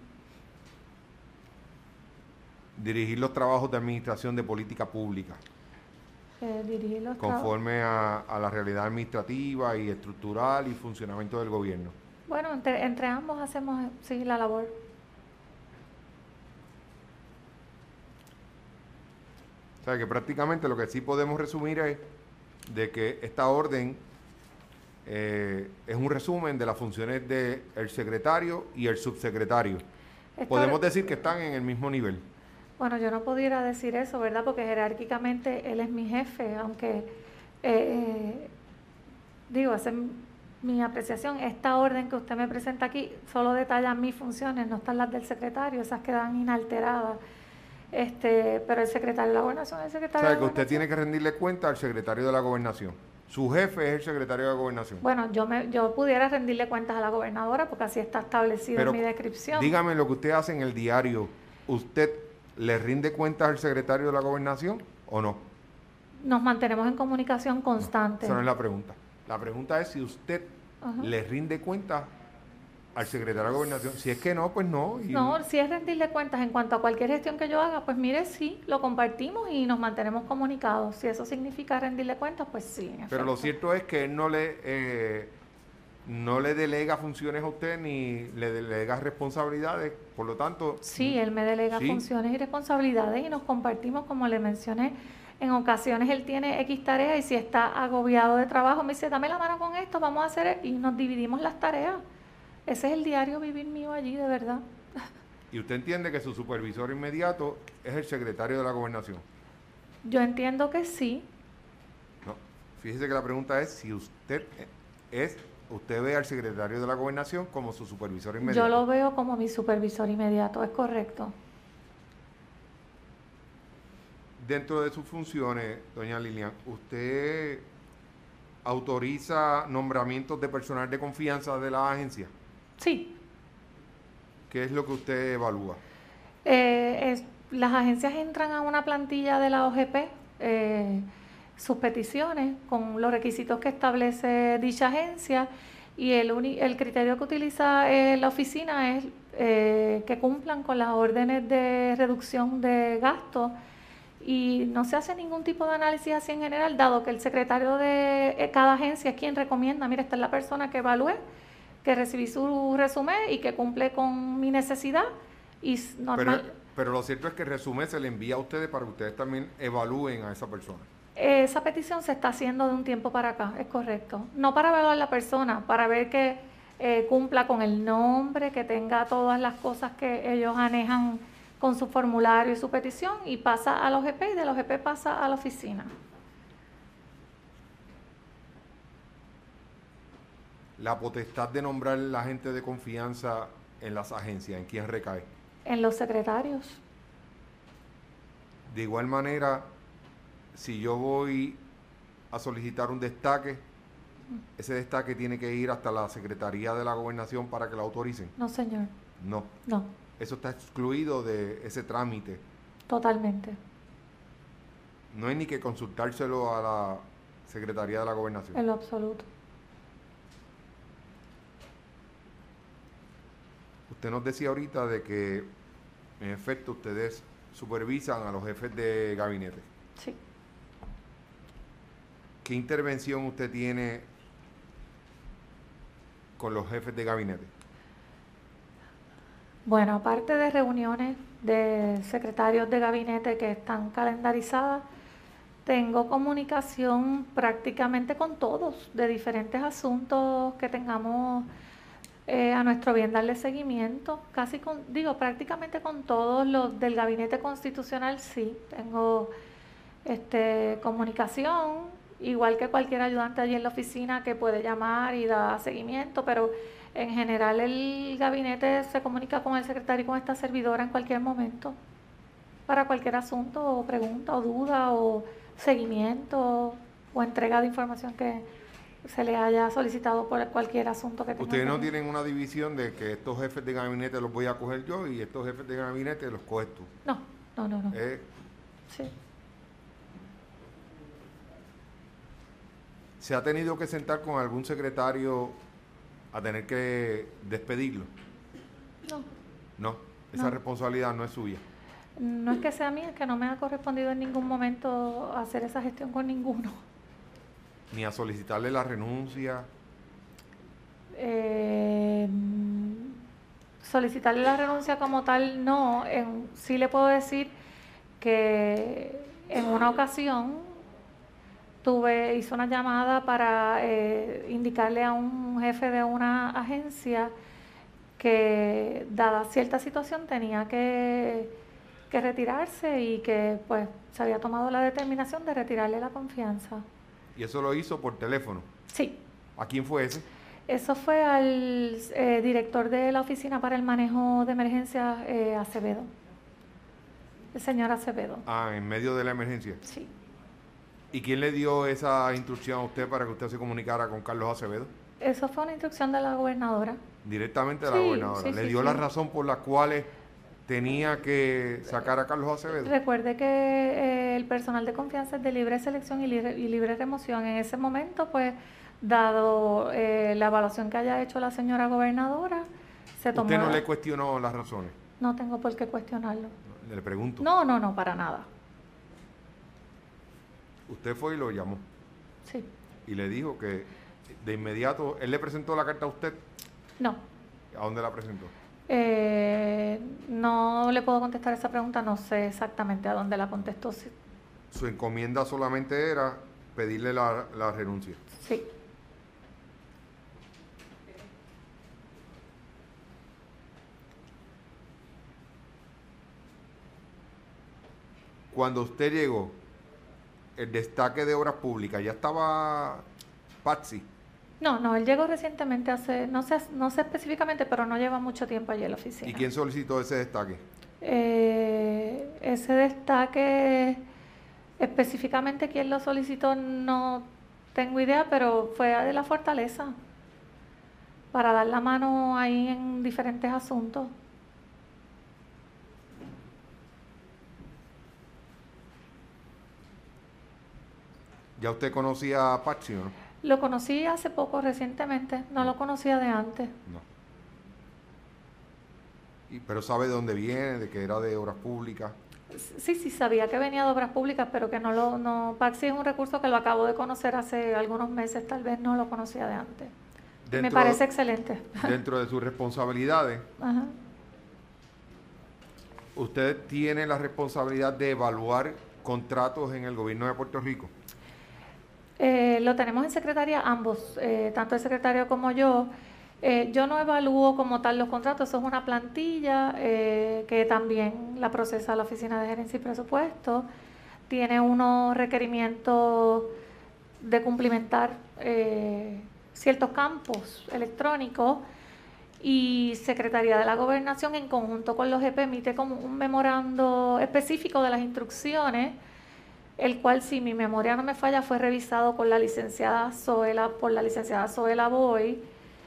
Dirigir los trabajos de administración de política pública. Eh, dirigir los conforme a, a la realidad administrativa y estructural y funcionamiento del gobierno. Bueno, entre, entre ambos hacemos sí la labor. O sea que prácticamente lo que sí podemos resumir es de que esta orden eh, es un resumen de las funciones del secretario y el subsecretario. Esto podemos decir que están en el mismo nivel. Bueno, yo no pudiera decir eso, ¿verdad? Porque jerárquicamente él es mi jefe, aunque, eh, digo, esa es mi apreciación. Esta orden que usted me presenta aquí solo detalla mis funciones, no están las del secretario, esas quedan inalteradas. Este, pero el secretario de la Gobernación es el secretario o sea, de la que usted Gobernación. tiene que rendirle cuenta al secretario de la Gobernación. Su jefe es el secretario de la Gobernación. Bueno, yo me, yo pudiera rendirle cuentas a la gobernadora porque así está establecido pero en mi descripción. Dígame lo que usted hace en el diario. ¿Usted le rinde cuentas al secretario de la Gobernación o no? Nos mantenemos en comunicación constante. No, esa no es la pregunta. La pregunta es si usted uh-huh. le rinde cuentas al secretario de la Gobernación. Si es que no, pues no. Y no, si es rendirle cuentas en cuanto a cualquier gestión que yo haga, pues mire, sí, lo compartimos y nos mantenemos comunicados. Si eso significa rendirle cuentas, pues sí. Pero lo cierto es que él no le, eh, no le delega funciones a usted ni le delega responsabilidades, por lo tanto... Sí, él me delega ¿sí? funciones y responsabilidades y nos compartimos, como le mencioné. En ocasiones él tiene X tareas y si está agobiado de trabajo me dice, dame la mano con esto, vamos a hacer, y nos dividimos las tareas. Ese es el diario vivir mío allí, de verdad. ¿Y usted entiende que su supervisor inmediato es el secretario de la Gobernación? Yo entiendo que sí. No, fíjese que la pregunta es si usted es, usted ve al secretario de la Gobernación como su supervisor inmediato. Yo lo veo como mi supervisor inmediato, es correcto. Dentro de sus funciones, doña Lilian, ¿usted autoriza nombramientos de personal de confianza de la agencia? Sí. ¿Qué es lo que usted evalúa? Eh, es, las agencias entran a una plantilla de la O G P, eh, sus peticiones con los requisitos que establece dicha agencia, y el, uni, el criterio que utiliza eh, la oficina es eh, que cumplan con las órdenes de reducción de gastos, y no se hace ningún tipo de análisis así en general, dado que el secretario de cada agencia es quien recomienda, mira, esta es la persona que evalué, que recibí su resumen y que cumple con mi necesidad. Y normal, pero, pero lo cierto es que el resumen se le envía a ustedes para que ustedes también evalúen a esa persona. esa petición se está haciendo de un tiempo para acá, es correcto. No para evaluar a la persona, para ver que eh, cumpla con el nombre, que tenga todas las cosas que ellos anejan con su formulario y su petición, y pasa a la O G P, y de la O G P pasa a la oficina. La potestad de nombrar la gente de confianza en las agencias, ¿en quién recae? En los secretarios. De igual manera, si yo voy a solicitar un destaque, ese destaque tiene que ir hasta la Secretaría de la Gobernación para que la autoricen. No, señor. No. No. Eso está excluido de ese trámite. Totalmente. No hay ni que consultárselo a la Secretaría de la Gobernación. En lo absoluto. Usted nos decía ahorita de que, en efecto, ustedes supervisan a los jefes de gabinete. Sí. ¿Qué intervención usted tiene con los jefes de gabinete? Bueno, aparte de reuniones de secretarios de gabinete que están calendarizadas, tengo comunicación prácticamente con todos de diferentes asuntos que tengamos eh, a nuestro bien darle seguimiento. Casi con, digo, prácticamente con todos los del gabinete constitucional, sí, tengo este, comunicación, igual que cualquier ayudante allí en la oficina que puede llamar y dar seguimiento, pero en general el gabinete se comunica con el secretario y con esta servidora en cualquier momento para cualquier asunto o pregunta o duda o seguimiento o entrega de información que se le haya solicitado por cualquier asunto que tenga. Ustedes no tienen una división de que estos jefes de gabinete los voy a coger yo y estos jefes de gabinete los coges tú. No, no, no, no. Eh, Sí. ¿Se ha tenido que sentar con algún secretario a tener que despedirlo? No. No, esa No. responsabilidad no es suya. No es que sea mía, es que no me ha correspondido en ningún momento hacer esa gestión con ninguno. Ni a solicitarle la renuncia. Eh, solicitarle la renuncia como tal, no. En, sí le puedo decir que en una ocasión tuve, hice una llamada para eh, indicarle a un jefe de una agencia que dada cierta situación tenía que, que retirarse y que pues se había tomado la determinación de retirarle la confianza. Y eso lo hizo por teléfono. Sí. ¿A quién fue ese? Eso fue al eh, director de la Oficina para el Manejo de Emergencias, eh, Acevedo. El señor Acevedo. Ah, en medio de la emergencia. Sí. ¿Y quién le dio esa instrucción a usted para que usted se comunicara con Carlos Acevedo? Eso fue una instrucción de la gobernadora. Directamente a la Sí, gobernadora. sí, ¿Le sí, dio sí. la razón por la cual tenía que sacar a Carlos Acevedo? Recuerde que eh, el personal de confianza es de libre selección y libre, y libre remoción. En ese momento, pues, dado eh, la evaluación que haya hecho la señora gobernadora, se tomó... ¿Usted no la... le cuestionó las razones? No tengo por qué cuestionarlo. Le pregunto. No, no, no, para nada. Usted fue y lo llamó. Sí. Y le dijo que de inmediato, ¿él le presentó la carta a usted? No. ¿A dónde la presentó? Eh, no le puedo contestar esa pregunta, no sé exactamente a dónde la contestó. Sí. Su encomienda solamente era pedirle la, la renuncia. Sí. Cuando usted llegó, el destaque de obras públicas, ya estaba Patsy. No, no, él llegó recientemente, hace, no sé, no sé específicamente, pero no lleva mucho tiempo allí en la oficina. ¿Y quién solicitó ese destaque? Eh, ese destaque, específicamente quién lo solicitó, no tengo idea, pero fue de la Fortaleza, para dar la mano ahí en diferentes asuntos. ¿Ya usted conocía a Patsy o no? Lo conocí hace poco, recientemente, no lo conocía de antes. No. Y, pero sabe de dónde viene, de que era de obras públicas. Sí, sí, sabía que venía de obras públicas, pero que no lo, no, Paxi es un recurso que lo acabo de conocer hace algunos meses, tal vez no lo conocía de antes. Y me Dentro, parece excelente. dentro de sus responsabilidades, Ajá. usted tiene la responsabilidad de evaluar contratos en el gobierno de Puerto Rico. Eh, lo tenemos en secretaría ambos, eh, tanto el secretario como yo. Eh, yo no evalúo como tal los contratos, eso es una plantilla eh, que también la procesa la Oficina de Gerencia y Presupuesto. Tiene unos requerimientos de cumplimentar eh, ciertos campos electrónicos y Secretaría de la Gobernación en conjunto con los G P emite como un memorando específico de las instrucciones, el cual, si mi memoria no me falla, fue revisado con la licenciada Zoela, por la licenciada Zoela Boy,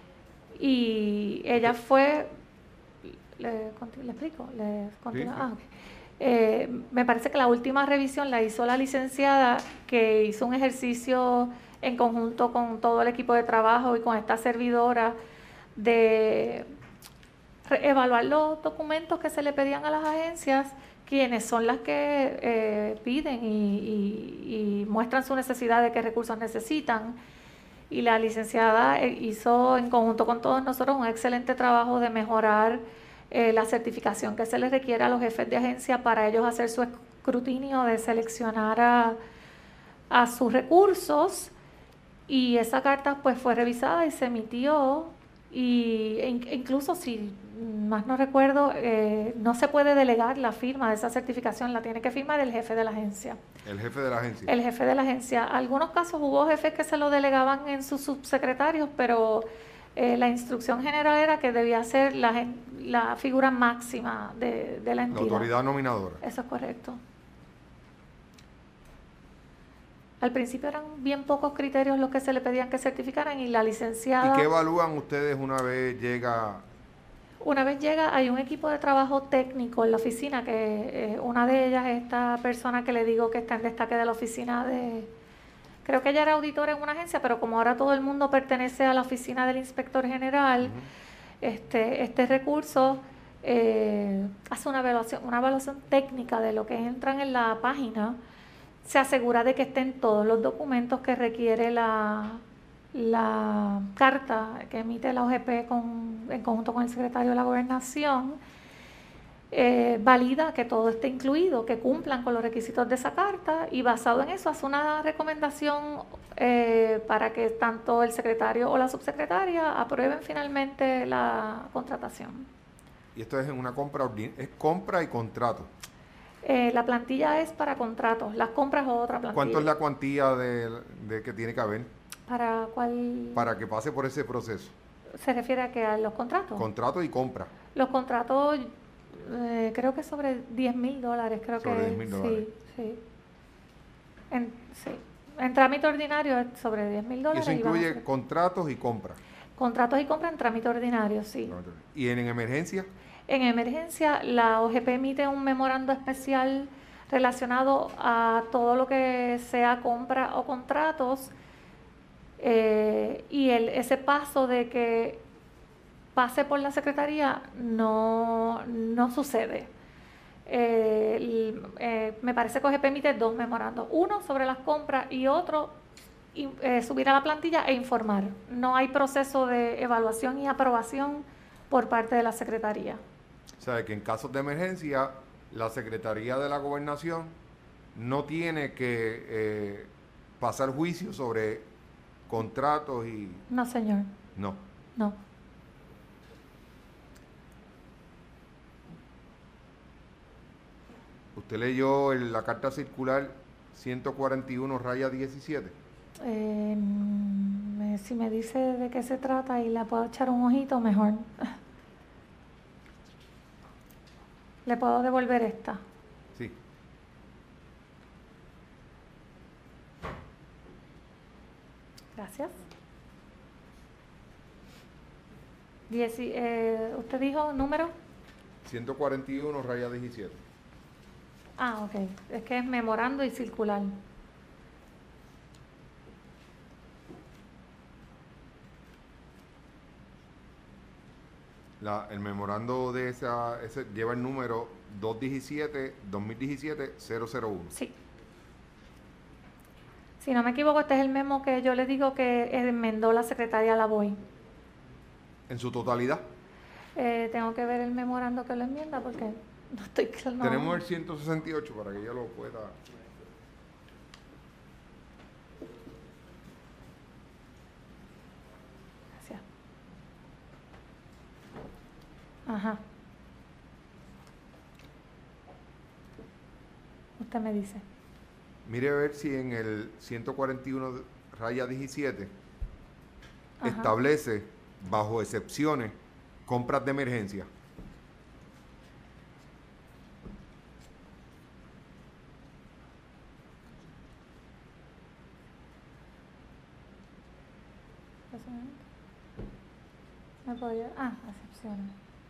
y ella fue, ¿le, le explico? ¿Le continúa? Sí, sí. Ah, okay. Eh, me parece que la última revisión la hizo la licenciada, que hizo un ejercicio en conjunto con todo el equipo de trabajo y con esta servidora de evaluar los documentos que se le pedían a las agencias, quienes son las que eh, piden y, y, y muestran su necesidad de qué recursos necesitan. Y la licenciada hizo en conjunto con todos nosotros un excelente trabajo de mejorar eh, la certificación que se les requiere a los jefes de agencia para ellos hacer su escrutinio de seleccionar a, a sus recursos. Y esa carta pues fue revisada y se emitió, y incluso, si más no recuerdo, eh, no se puede delegar la firma de esa certificación, la tiene que firmar el jefe de la agencia. El jefe de la agencia. El jefe de la agencia. Algunos casos hubo jefes que se lo delegaban en sus subsecretarios, pero eh, la instrucción general era que debía ser la, la figura máxima de, de la entidad. La autoridad nominadora. Eso es correcto. Al principio eran bien pocos criterios los que se le pedían que certificaran, y la licenciada... ¿Y qué evalúan ustedes una vez llega? Una vez llega, hay un equipo de trabajo técnico en la oficina, que eh, una de ellas es esta persona que le digo que está en destaque de la oficina de... Creo que ella era auditora en una agencia, pero como ahora todo el mundo pertenece a la oficina del inspector general, uh-huh. este, este recurso eh, hace una evaluación, una evaluación técnica de lo que entran en la página. Se asegura de que estén todos los documentos que requiere la, la carta que emite la O G P con, en conjunto con el secretario de la Gobernación. Eh, valida que todo esté incluido, que cumplan con los requisitos de esa carta, y basado en eso hace una recomendación eh, para que tanto el secretario o la subsecretaria aprueben finalmente la contratación. Y esto es en una compra, es compra y contrato. Eh, la plantilla es para contratos, las compras o otra plantilla. ¿Cuánto es la cuantía de, de que tiene que haber? ¿Para cuál? Para que pase por ese proceso. ¿Se refiere a que a los contratos? Contrato y compra. Los contratos, eh, creo que sobre diez mil dólares, creo sobre que diez mil dólares. Sí, sí. En, sí. En trámite ordinario es sobre diez mil dólares. Y eso incluye y contratos y compras. Contratos y compras en trámite ordinario, sí. ¿Y en, en emergencia? En emergencia, la O G P emite un memorando especial relacionado a todo lo que sea compra o contratos, eh, y el, ese paso de que pase por la Secretaría no, no sucede. Eh, el, eh, me parece que O G P emite dos memorandos, uno sobre las compras y otro y, eh, subir a la plantilla e informar. No hay proceso de evaluación y aprobación por parte de la Secretaría. O sea, que en casos de emergencia, la Secretaría de la Gobernación no tiene que eh, pasar juicio sobre contratos y... No, señor. No. No. ¿Usted leyó el, la carta circular ciento cuarenta y uno raya diecisiete? Eh, me Eh, si me dice de qué se trata y le puedo echar un ojito, mejor. ¿Le puedo devolver esta? Sí. Gracias. Dieci, eh, ¿Usted dijo número? ciento cuarenta y uno, raya diecisiete. Ah, ok. Es que es memorando y circular. La, el memorando de esa ese lleva el número dos diecisiete, dos mil diecisiete, cero cero uno. Sí. Si no me equivoco, este es el memo que yo le digo que enmendó la secretaria Lavoy. En su totalidad. Eh, tengo que ver el memorando que lo enmienda porque no estoy claro. No. Tenemos el ciento sesenta y ocho para que ella lo pueda. Gracias. Ajá. Usted me dice. Mire a ver si en el ciento cuarenta y uno, raya diecisiete, Ajá. establece, bajo excepciones, compras de emergencia. ¿Me podría? Ah, excepciones.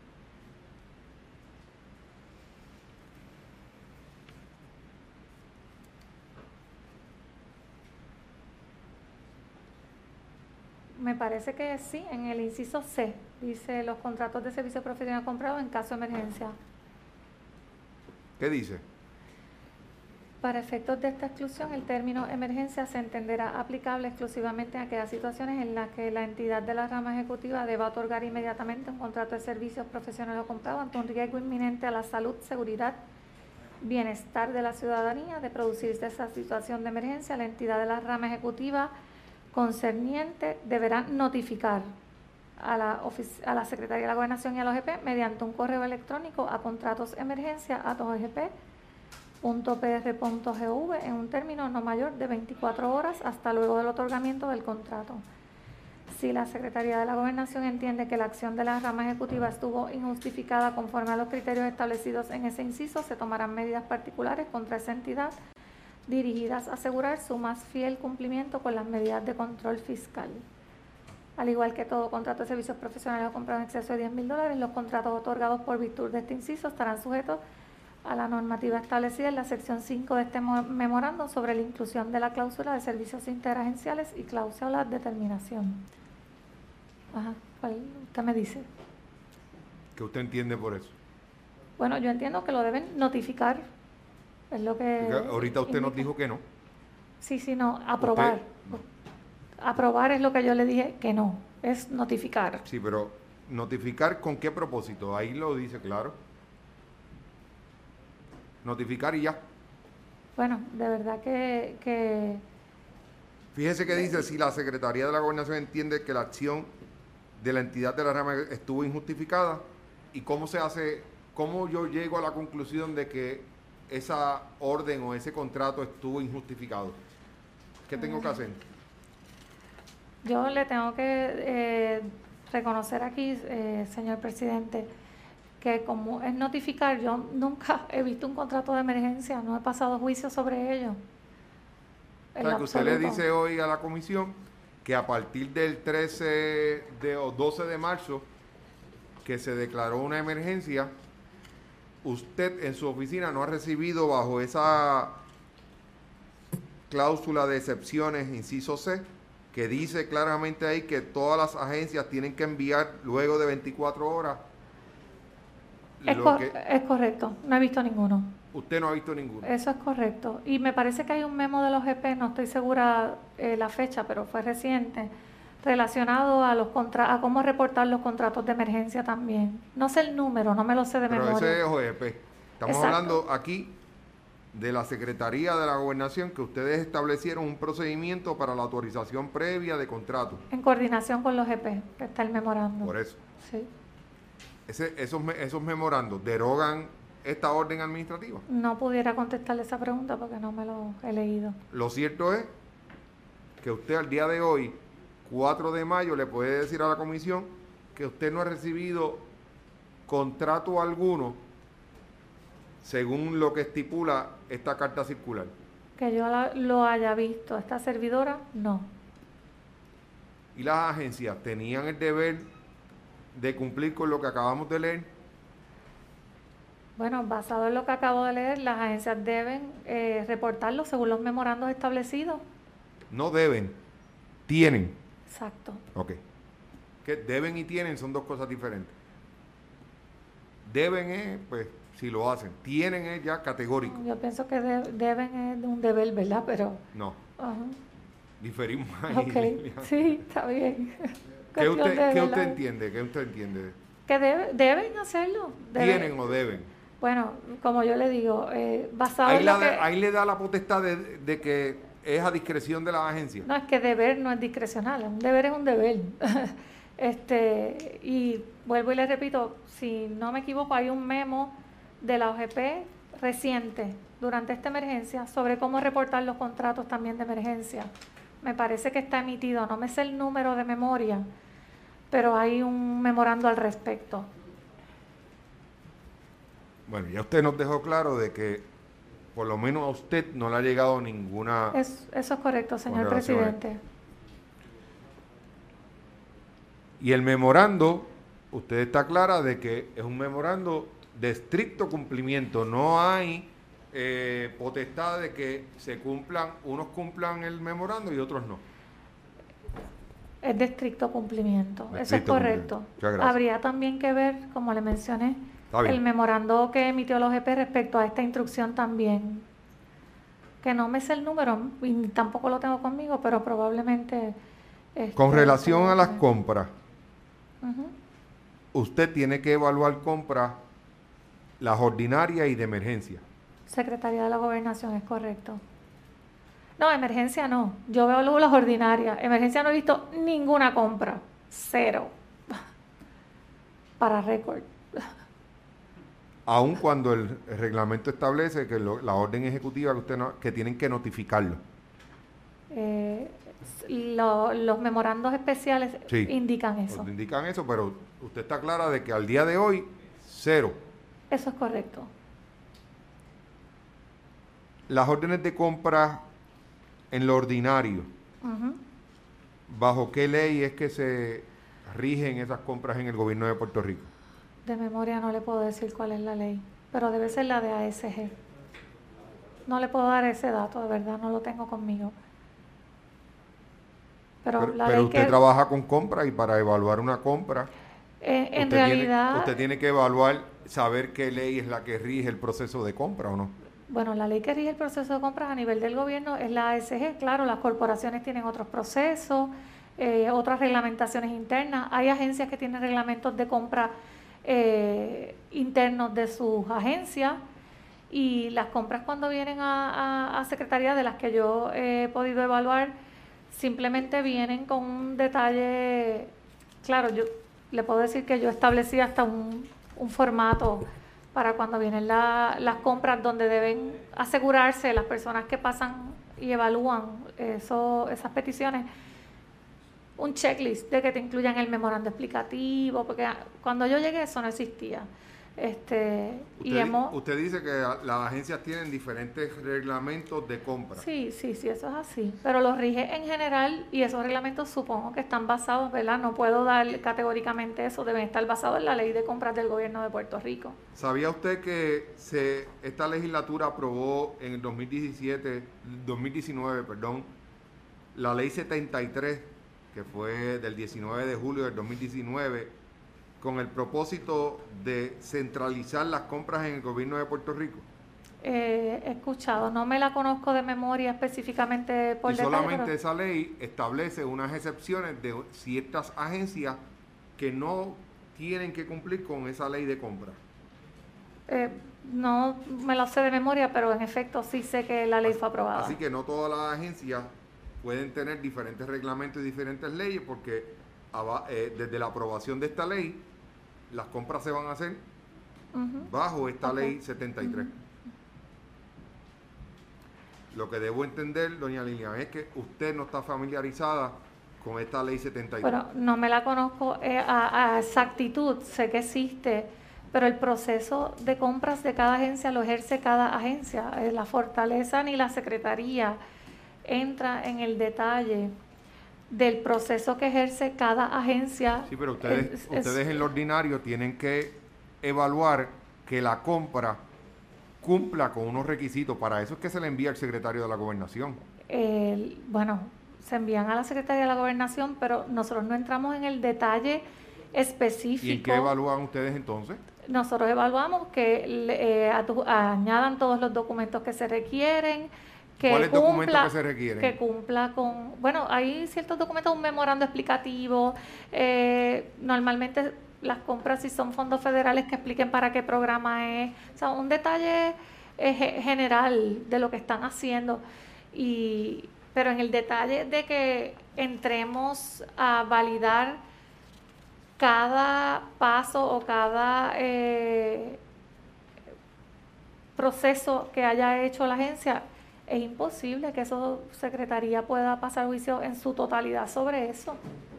Me parece que sí, en el inciso C, dice los contratos de servicio profesional comprados en caso de emergencia. ¿Qué dice? Para efectos de esta exclusión, el término emergencia se entenderá aplicable exclusivamente a aquellas situaciones en las que la entidad de la rama ejecutiva deba otorgar inmediatamente un contrato de servicios profesionales comprados ante un riesgo inminente a la salud, seguridad, bienestar de la ciudadanía. De producirse esa situación de emergencia, la entidad de la rama ejecutiva concerniente deberá notificar a la, a la Secretaría de la Gobernación y a la O G P mediante un correo electrónico a contratos emergencia a o g p punto p r punto gov en un término no mayor de veinticuatro horas hasta luego del otorgamiento del contrato. Si la Secretaría de la Gobernación entiende que la acción de la rama ejecutiva estuvo injustificada conforme a los criterios establecidos en ese inciso, se tomarán medidas particulares contra esa entidad dirigidas a asegurar su más fiel cumplimiento con las medidas de control fiscal. Al igual que todo contrato de servicios profesionales o comprado en exceso de diez mil dólares, los contratos otorgados por virtud de este inciso estarán sujetos a la normativa establecida en la sección cinco de este memorando sobre la inclusión de la cláusula de servicios interagenciales y cláusula de terminación. Ajá, ¿cuál usted me dice? ¿Qué usted entiende por eso? Bueno, yo entiendo que lo deben notificar. Es lo que ahorita usted indica. nos dijo que no. Sí, sí, no, aprobar. Usted, aprobar es lo que yo le dije que no, es notificar. Sí, pero ¿notificar con qué propósito? Ahí lo dice claro. Notificar y ya. Bueno, de verdad que... que Fíjese que dice, si la Secretaría de la Gobernación entiende que la acción de la entidad de la rama estuvo injustificada, ¿y cómo se hace, cómo yo llego a la conclusión de que esa orden o ese contrato estuvo injustificado? ¿Qué tengo que hacer? Yo le tengo que eh, reconocer aquí, eh, señor presidente, que como es notificar, yo nunca he visto un contrato de emergencia, no he pasado juicio sobre ello. O sea, que usted le dice hoy a la comisión que a partir del trece de, o doce de marzo, que se declaró una emergencia, usted en su oficina no ha recibido bajo esa cláusula de excepciones, inciso C, que dice claramente ahí que todas las agencias tienen que enviar luego de veinticuatro horas. Es, lo cor que es correcto, no he visto ninguno. Usted no ha visto ninguno. Eso es correcto. Y me parece que hay un memo de los G P, no estoy segura eh, la fecha, pero fue reciente, relacionado a los contra a cómo reportar los contratos de emergencia también. No sé el número, no me lo sé de pero memoria. Ese es O G P. Estamos Exacto. hablando aquí de la Secretaría de la Gobernación, que ustedes establecieron un procedimiento para la autorización previa de contrato. En coordinación con los G P, que está el memorando. Por eso. Sí. Ese, esos, esos memorandos derogan esta orden administrativa. No pudiera contestarle esa pregunta porque no me lo he leído. Lo cierto es que usted al día de hoy, cuatro de mayo le puede decir a la comisión que usted no ha recibido contrato alguno según lo que estipula esta carta circular. Que yo la, lo haya visto. Esta servidora, no. ¿Y las agencias tenían el deber de cumplir con lo que acabamos de leer? Bueno, basado en lo que acabo de leer, las agencias deben eh, reportarlo según los memorandos establecidos. No deben, tienen. Exacto. Ok. Que deben y tienen son dos cosas diferentes. Deben es, pues, si lo hacen. Tienen es ya categórico. Yo pienso que de, deben es de un deber, ¿verdad? Pero... No. Uh-huh. Diferimos ahí. Ok, sí, está bien. ¿Qué usted, ¿qué usted entiende? ¿Qué usted entiende? Que debe, deben hacerlo. Deben. ¿Tienen o deben? Bueno, como yo le digo, eh, basado ahí en lo lo que... Ahí le da la potestad de, de que es a discreción de la agencia. No, es que deber no es discrecional, un deber es un deber. este Y vuelvo y le repito, si no me equivoco, hay un memo de la O G P reciente durante esta emergencia sobre cómo reportar los contratos también de emergencia. Me parece que está emitido, no me sé el número de memoria, pero hay un memorando al respecto. Bueno, ya usted nos dejó claro de que por lo menos a usted no le ha llegado ninguna... Es, eso es correcto, señor presidente. Y el memorando, usted está clara de que es un memorando de estricto cumplimiento, no hay eh, potestad de que se cumplan, unos cumplan el memorando y otros no. Es de estricto cumplimiento, de eso estricto es correcto. Habría también que ver, como le mencioné, el memorando que emitió la O G P respecto a esta instrucción también, que no me sé el número y tampoco lo tengo conmigo, pero probablemente... Este, Con relación a las compras, uh-huh. usted tiene que evaluar compras, las ordinarias y de emergencia. Secretaría de la Gobernación, es correcto. No, emergencia no. Yo veo luego las ordinarias. Emergencia no he visto ninguna compra. Cero. Para récord. Aun cuando el, el reglamento establece que lo, la orden ejecutiva que usted no, que tienen que notificarlo. Eh, lo, los memorandos especiales sí, indican eso. Indican eso, pero usted está clara de que al día de hoy, cero. Eso es correcto. Las órdenes de compra en lo ordinario, uh-huh. ¿bajo qué ley es que se rigen esas compras en el gobierno de Puerto Rico? De memoria no le puedo decir cuál es la ley, pero debe ser la de A S G. No le puedo dar ese dato, de verdad, no lo tengo conmigo. Pero, pero, la pero ley usted que, trabaja con compras y para evaluar una compra, eh, en usted realidad... Tiene, usted tiene que evaluar, saber qué ley es la que rige el proceso de compra o no. Bueno, la ley que rige el proceso de compras a nivel del gobierno es la A S G. Claro, las corporaciones tienen otros procesos, eh, otras reglamentaciones internas. Hay agencias que tienen reglamentos de compra eh, internos de sus agencias, y las compras cuando vienen a, a, a Secretaría, de las que yo he podido evaluar, simplemente vienen con un detalle. Claro, yo le puedo decir que yo establecí hasta un, un formato para cuando vienen la, las compras, donde deben asegurarse las personas que pasan y evalúan eso, esas peticiones, un checklist de que te incluyan el memorando explicativo, porque cuando yo llegué eso no existía. Este, usted, y hemos, usted dice que las agencias tienen diferentes reglamentos de compra. Sí, sí, sí, eso es así. Pero los rige en general, y esos reglamentos supongo que están basados, ¿verdad? No puedo dar categóricamente eso, deben estar basados en la ley de compras del gobierno de Puerto Rico. ¿Sabía usted que se esta legislatura aprobó en el dos mil diecisiete, dos mil diecinueve, perdón, la ley setenta y tres, que fue del diecinueve de julio del dos mil diecinueve, con el propósito de centralizar las compras en el gobierno de Puerto Rico? Eh, he escuchado, no me la conozco de memoria específicamente por y detalle, solamente pero... esa ley establece unas excepciones de ciertas agencias que no tienen que cumplir con esa ley de compra. Eh, no me la sé de memoria, pero en efecto sí sé que la ley así, fue aprobada. Así que no todas las agencias pueden tener diferentes reglamentos y diferentes leyes, porque eh, desde la aprobación de esta ley, las compras se van a hacer uh-huh. bajo esta okay. ley setenta y tres. Uh-huh. Lo que debo entender, doña Lilian, es que usted no está familiarizada con esta ley setenta y tres? Bueno, no me la conozco eh, a, a exactitud, sé que existe, pero el proceso de compras de cada agencia lo ejerce cada agencia. Eh, la fortaleza ni la secretaría entra en el detalle del proceso que ejerce cada agencia. Sí, pero ustedes, es, ustedes es, en lo ordinario tienen que evaluar que la compra cumpla con unos requisitos. Para eso es que se le envía al secretario de la Gobernación. Eh, bueno, se envían a la Secretaría de la Gobernación, pero nosotros no entramos en el detalle específico. ¿Y en qué evalúan ustedes entonces? Nosotros evaluamos que eh, añadan todos los documentos que se requieren. Que ¿Cuáles cumpla, documentos que se requieren? Que cumpla con... Bueno, hay ciertos documentos, un memorando explicativo. Eh, normalmente las compras, si son fondos federales, que expliquen para qué programa es. O sea, un detalle eh, general de lo que están haciendo. Y, pero en el detalle de que entremos a validar cada paso o cada eh, proceso que haya hecho la agencia, es imposible que esa secretaría pueda pasar juicio en su totalidad sobre eso.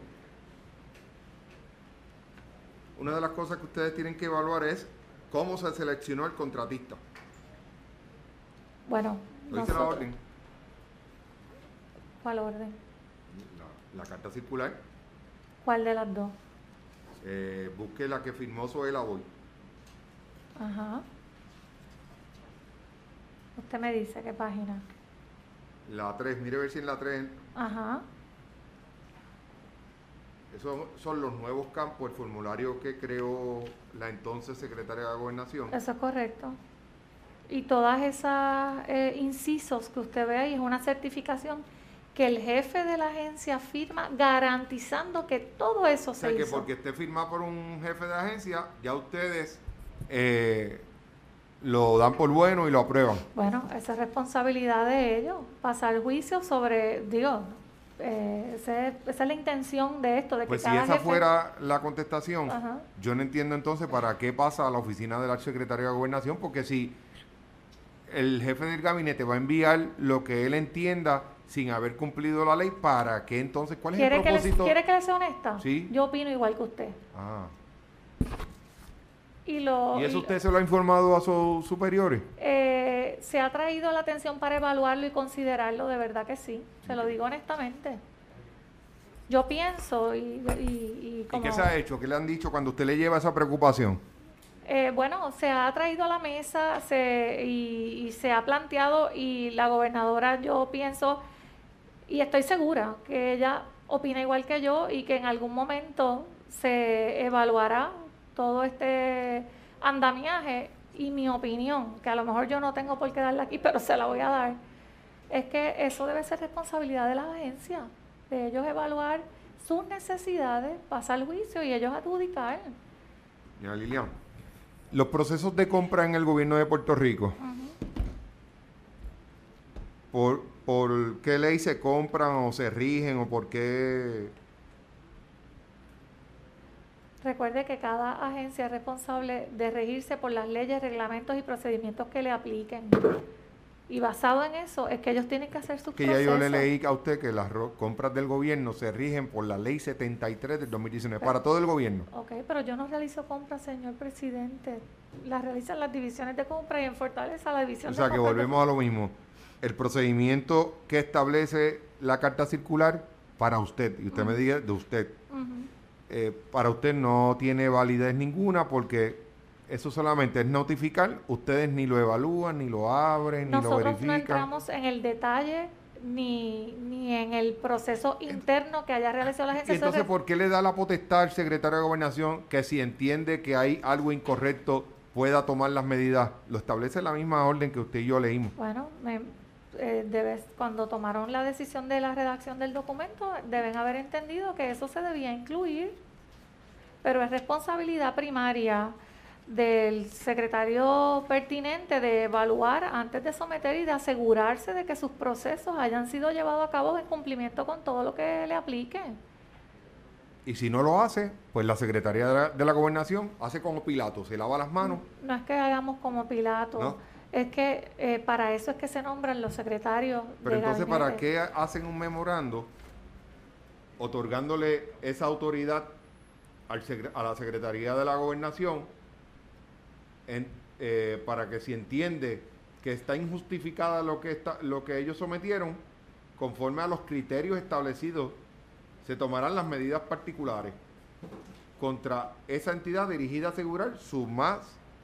Una de las cosas que ustedes tienen que evaluar es cómo se seleccionó el contratista. Bueno, ¿lo dice la orden? ¿Cuál orden? La, la carta circular. ¿Cuál de las dos? Eh, busque la que firmó Zoela hoy. Ajá. Usted me dice qué página. La tres, mire a ver si en la tres. Ajá. Esos son los nuevos campos, el formulario que creó la entonces secretaria de la Gobernación. Eso es correcto. Y todas esas eh, incisos que usted ve ahí es una certificación que el jefe de la agencia firma garantizando que todo eso o sea, se que hizo. Porque esté firmado por un jefe de agencia, ya ustedes eh, lo dan por bueno y lo aprueban. Bueno, esa es responsabilidad de ellos, pasar juicio sobre, digo, eh, ese, esa es la intención de esto, de pues que si cada esa jefe... fuera la contestación, Ajá. Yo no entiendo entonces para qué pasa a la oficina del secretario de Gobernación, porque si el jefe del gabinete va a enviar lo que él entienda sin haber cumplido la ley, ¿para qué entonces? ¿Cuál es el propósito? Que les, ¿Quiere que le sea honesta? Sí. Yo opino igual que usted. Ah. Y, lo, ¿Y eso y, usted se lo ha informado a sus superiores? Eh, se ha traído a la atención para evaluarlo y considerarlo, de verdad que sí, se lo digo honestamente. Yo pienso y... ¿Y, y, como, ¿Y qué se ha hecho? ¿Qué le han dicho cuando usted le lleva esa preocupación? Eh, bueno, se ha traído a la mesa se, y, y se ha planteado y la gobernadora, yo pienso y estoy segura que ella opina igual que yo y que en algún momento se evaluará todo este andamiaje. Y mi opinión, que a lo mejor yo no tengo por qué darla aquí, pero se la voy a dar, es que eso debe ser responsabilidad de la agencia, de ellos evaluar sus necesidades, pasar el juicio y ellos adjudicar. Ya, Lilian, los procesos de compra en el gobierno de Puerto Rico, uh-huh. ¿por, ¿por qué ley se compran o se rigen o por qué? Recuerde que cada agencia es responsable de regirse por las leyes, reglamentos y procedimientos que le apliquen. Y basado en eso es que ellos tienen que hacer sus que procesos. Que ya yo le leí a usted que las compras del gobierno se rigen por la ley setenta y tres del dos mil diecinueve, pero, para todo el gobierno. Ok, pero yo no realizo compras, señor presidente. Las realizan las divisiones de compra y en Fortaleza la división de compra. O sea, que volvemos a lo mismo. El procedimiento que establece la carta circular para usted, y usted uh-huh. me diga de usted, uh-huh. Eh, para usted no tiene validez ninguna porque eso solamente es notificar, ustedes ni lo evalúan, ni lo abren, Nosotros ni lo verifican. Nosotros no entramos en el detalle ni, ni en el proceso interno que haya realizado la agencia. ¿Y entonces por qué le da la potestad al secretario de Gobernación que si entiende que hay algo incorrecto pueda tomar las medidas? Lo establece la misma orden que usted y yo leímos. Bueno, me, eh, debes, cuando tomaron la decisión de la redacción del documento, deben haber entendido que eso se debía incluir, pero es responsabilidad primaria del secretario pertinente de evaluar antes de someter y de asegurarse de que sus procesos hayan sido llevados a cabo en cumplimiento con todo lo que le aplique. Y si no lo hace, pues la Secretaría de la, de la Gobernación hace como Pilato, se lava las manos. No, no es que hagamos como Pilato, ¿no? Es que eh, para eso es que se nombran los secretarios. Pero de entonces, gabinete. ¿para qué hacen un memorando otorgándole esa autoridad al secre- a la Secretaría de la Gobernación en, eh, para que si entiende que está injustificada lo que, está, lo que ellos sometieron, conforme a los criterios establecidos, se tomarán las medidas particulares contra esa entidad dirigida a asegurar su más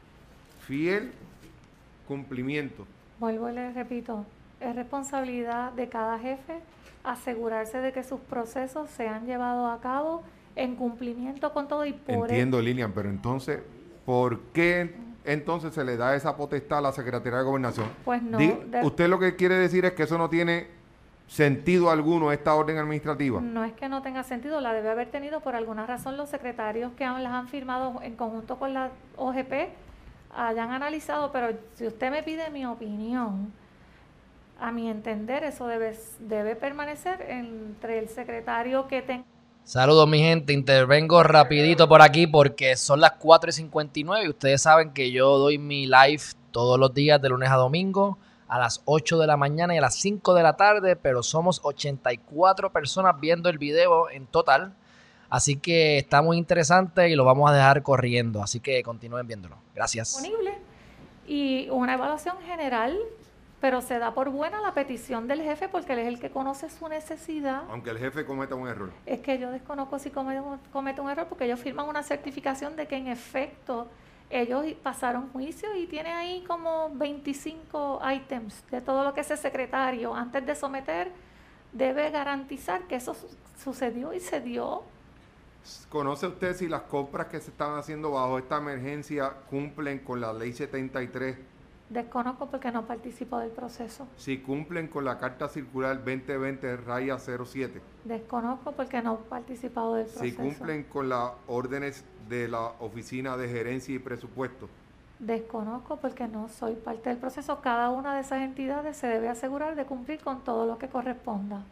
fiel cumplimiento. Vuelvo y les repito, es responsabilidad de cada jefe asegurarse de que sus procesos sean llevados a cabo en cumplimiento con todo y por e- Entiendo, Lilian, pero entonces, ¿por qué entonces se le da esa potestad a la Secretaría de Gobernación? pues no, Di- de- usted lo que quiere decir es que eso no tiene sentido alguno, esta orden administrativa. no es que no tenga sentido, la debe haber tenido por alguna razón los secretarios que han- las han firmado en conjunto con la O G P hayan analizado, pero si usted me pide mi opinión, a mi entender eso debe, debe permanecer entre el secretario que tenga. Saludos mi gente, intervengo rapidito por aquí porque son las cuatro y cincuenta y nueve y ustedes saben que yo doy mi live todos los días de lunes a domingo a las ocho de la mañana y a las cinco de la tarde, pero somos ochenta y cuatro personas viendo el video en total, así que está muy interesante y lo vamos a dejar corriendo, así que continúen viéndolo. Gracias. Disponible y una evaluación general, pero se da por buena la petición del jefe porque él es el que conoce su necesidad. Aunque el jefe cometa un error. Es que yo desconozco si comete, comete un error porque ellos firman una certificación de que en efecto ellos pasaron juicio y tiene ahí como veinticinco ítems de todo lo que ese secretario antes de someter debe garantizar que eso su- sucedió y se dio. ¿Conoce usted si las compras que se están haciendo bajo esta emergencia cumplen con la ley setenta y tres? Desconozco porque no participo del proceso. Si cumplen con la carta circular veinte veinte raya cero siete. Desconozco porque no he participado del proceso. Si cumplen con las órdenes de la Oficina de Gerencia y Presupuesto. Desconozco porque no soy parte del proceso. Cada una de esas entidades se debe asegurar de cumplir con todo lo que corresponda.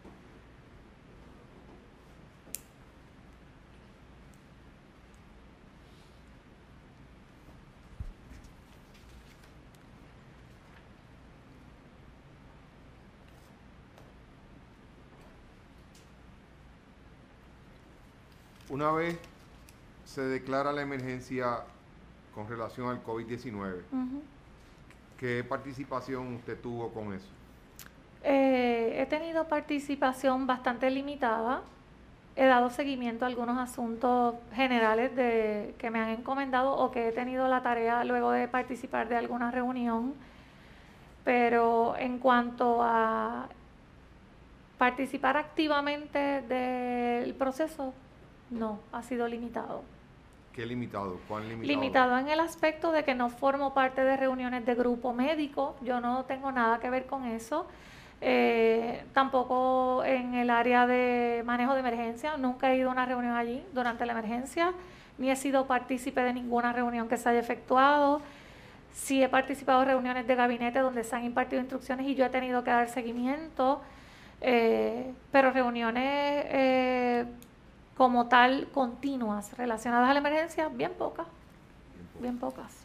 Una vez se declara la emergencia con relación al COVID diecinueve, Uh-huh. ¿qué participación usted tuvo con eso? Eh, he tenido participación bastante limitada. He dado seguimiento a algunos asuntos generales de, que me han encomendado o que he tenido la tarea luego de participar de alguna reunión. Pero en cuanto a participar activamente del proceso, no, ha sido limitado. ¿Qué limitado? ¿Cuán limitado? Limitado en el aspecto de que no formo parte de reuniones de grupo médico, yo no tengo nada que ver con eso. Eh, tampoco en el área de manejo de emergencia, nunca he ido a una reunión allí durante la emergencia, ni he sido partícipe de ninguna reunión que se haya efectuado. Sí he participado en reuniones de gabinete donde se han impartido instrucciones y yo he tenido que dar seguimiento, eh, pero reuniones eh, como tal continuas relacionadas a la emergencia, bien pocas, bien pocas.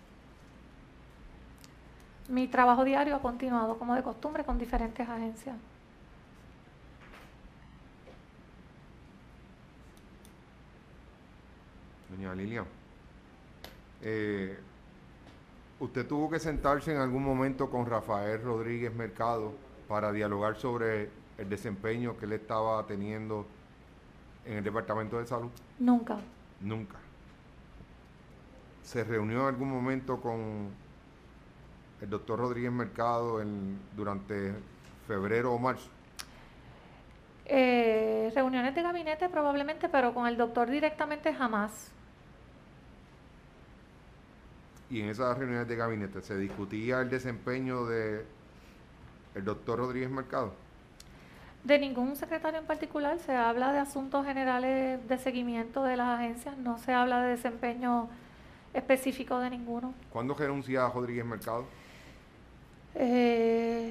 Mi trabajo diario ha continuado como de costumbre con diferentes agencias. Doña Lilian, eh, ¿usted tuvo que sentarse en algún momento con Rafael Rodríguez Mercado para dialogar sobre el desempeño que él estaba teniendo en el Departamento de Salud? Nunca. Nunca. ¿Se reunió en algún momento con el doctor Rodríguez Mercado en, durante febrero o marzo? Eh, reuniones de gabinete probablemente, pero con el doctor directamente jamás. Y en esas reuniones de gabinete, ¿se discutía el desempeño de el doctor Rodríguez Mercado? De ningún secretario en particular, se habla de asuntos generales de seguimiento de las agencias, no se habla de desempeño específico de ninguno. ¿Cuándo renuncia Rodríguez Mercado? Eh,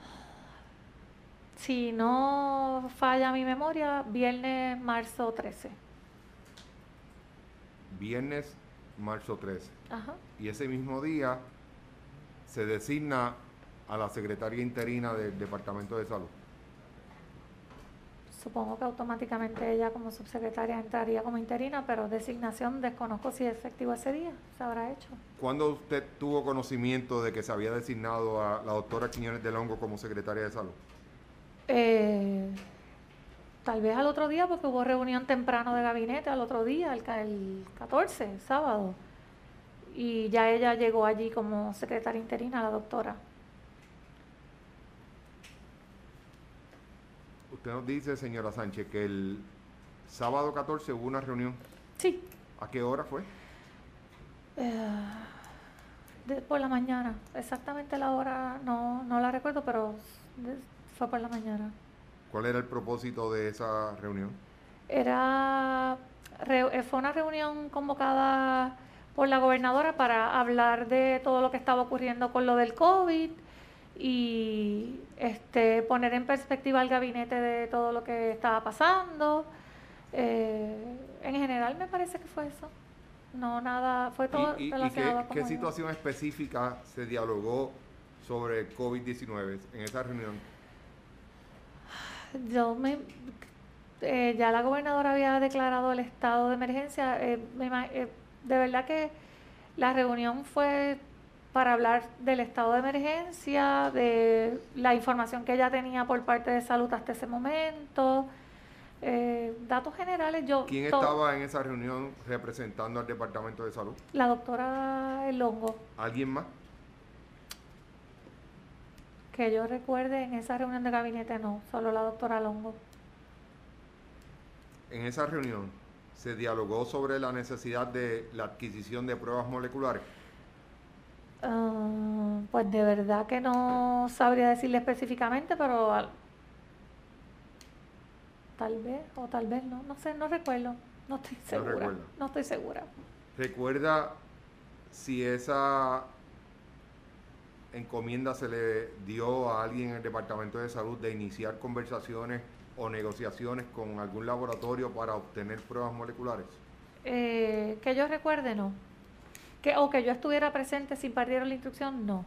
si no falla mi memoria, viernes, marzo trece. Viernes, marzo trece. Ajá. Y ese mismo día se designa a la secretaria interina del Departamento de Salud. supongo que automáticamente ella como subsecretaria entraría como interina, pero designación desconozco si es efectivo ese día, se habrá hecho. ¿Cuándo usted tuvo conocimiento de que se había designado a la doctora Quiñones del Hongo como secretaria de salud? Eh, tal vez al otro día, porque hubo reunión temprano de gabinete al otro día, el, el catorce, sábado, y ya ella llegó allí como secretaria interina, la doctora. Usted nos dice, señora Sánchez, que el sábado catorce hubo una reunión. Sí. ¿A qué hora fue? Eh, de, por la mañana, exactamente la hora no, no la recuerdo, pero de, fue por la mañana. ¿Cuál era el propósito de esa reunión? Era, re, fue una reunión convocada por la gobernadora para hablar de todo lo que estaba ocurriendo con lo del COVID y este, poner en perspectiva al gabinete de todo lo que estaba pasando. Eh, en general me parece que fue eso. No, nada, fue todo ¿Y, y, relacionado y qué, con qué situación específica se dialogó sobre COVID diecinueve en esa reunión? Yo me... Eh, ya la gobernadora había declarado el estado de emergencia. Eh, me, eh, de verdad que la reunión fue para hablar del estado de emergencia, de la información que ella tenía por parte de salud hasta ese momento, eh, datos generales. Yo ¿Quién estaba en esa reunión representando al Departamento de Salud? La doctora El Hongo. ¿Alguien más? Que yo recuerde, en esa reunión de gabinete no, solo la doctora Longo. En esa reunión se dialogó sobre la necesidad de la adquisición de pruebas moleculares. Uh, pues de verdad que no sabría decirle específicamente, pero al, tal vez o tal vez no, no sé, no recuerdo, no estoy segura, no, no estoy segura. ¿Recuerda si esa encomienda se le dio a alguien en el Departamento de Salud de iniciar conversaciones o negociaciones con algún laboratorio para obtener pruebas moleculares? Eh, que yo recuerde, no. Que, o que yo estuviera presente si impartieron la instrucción, no.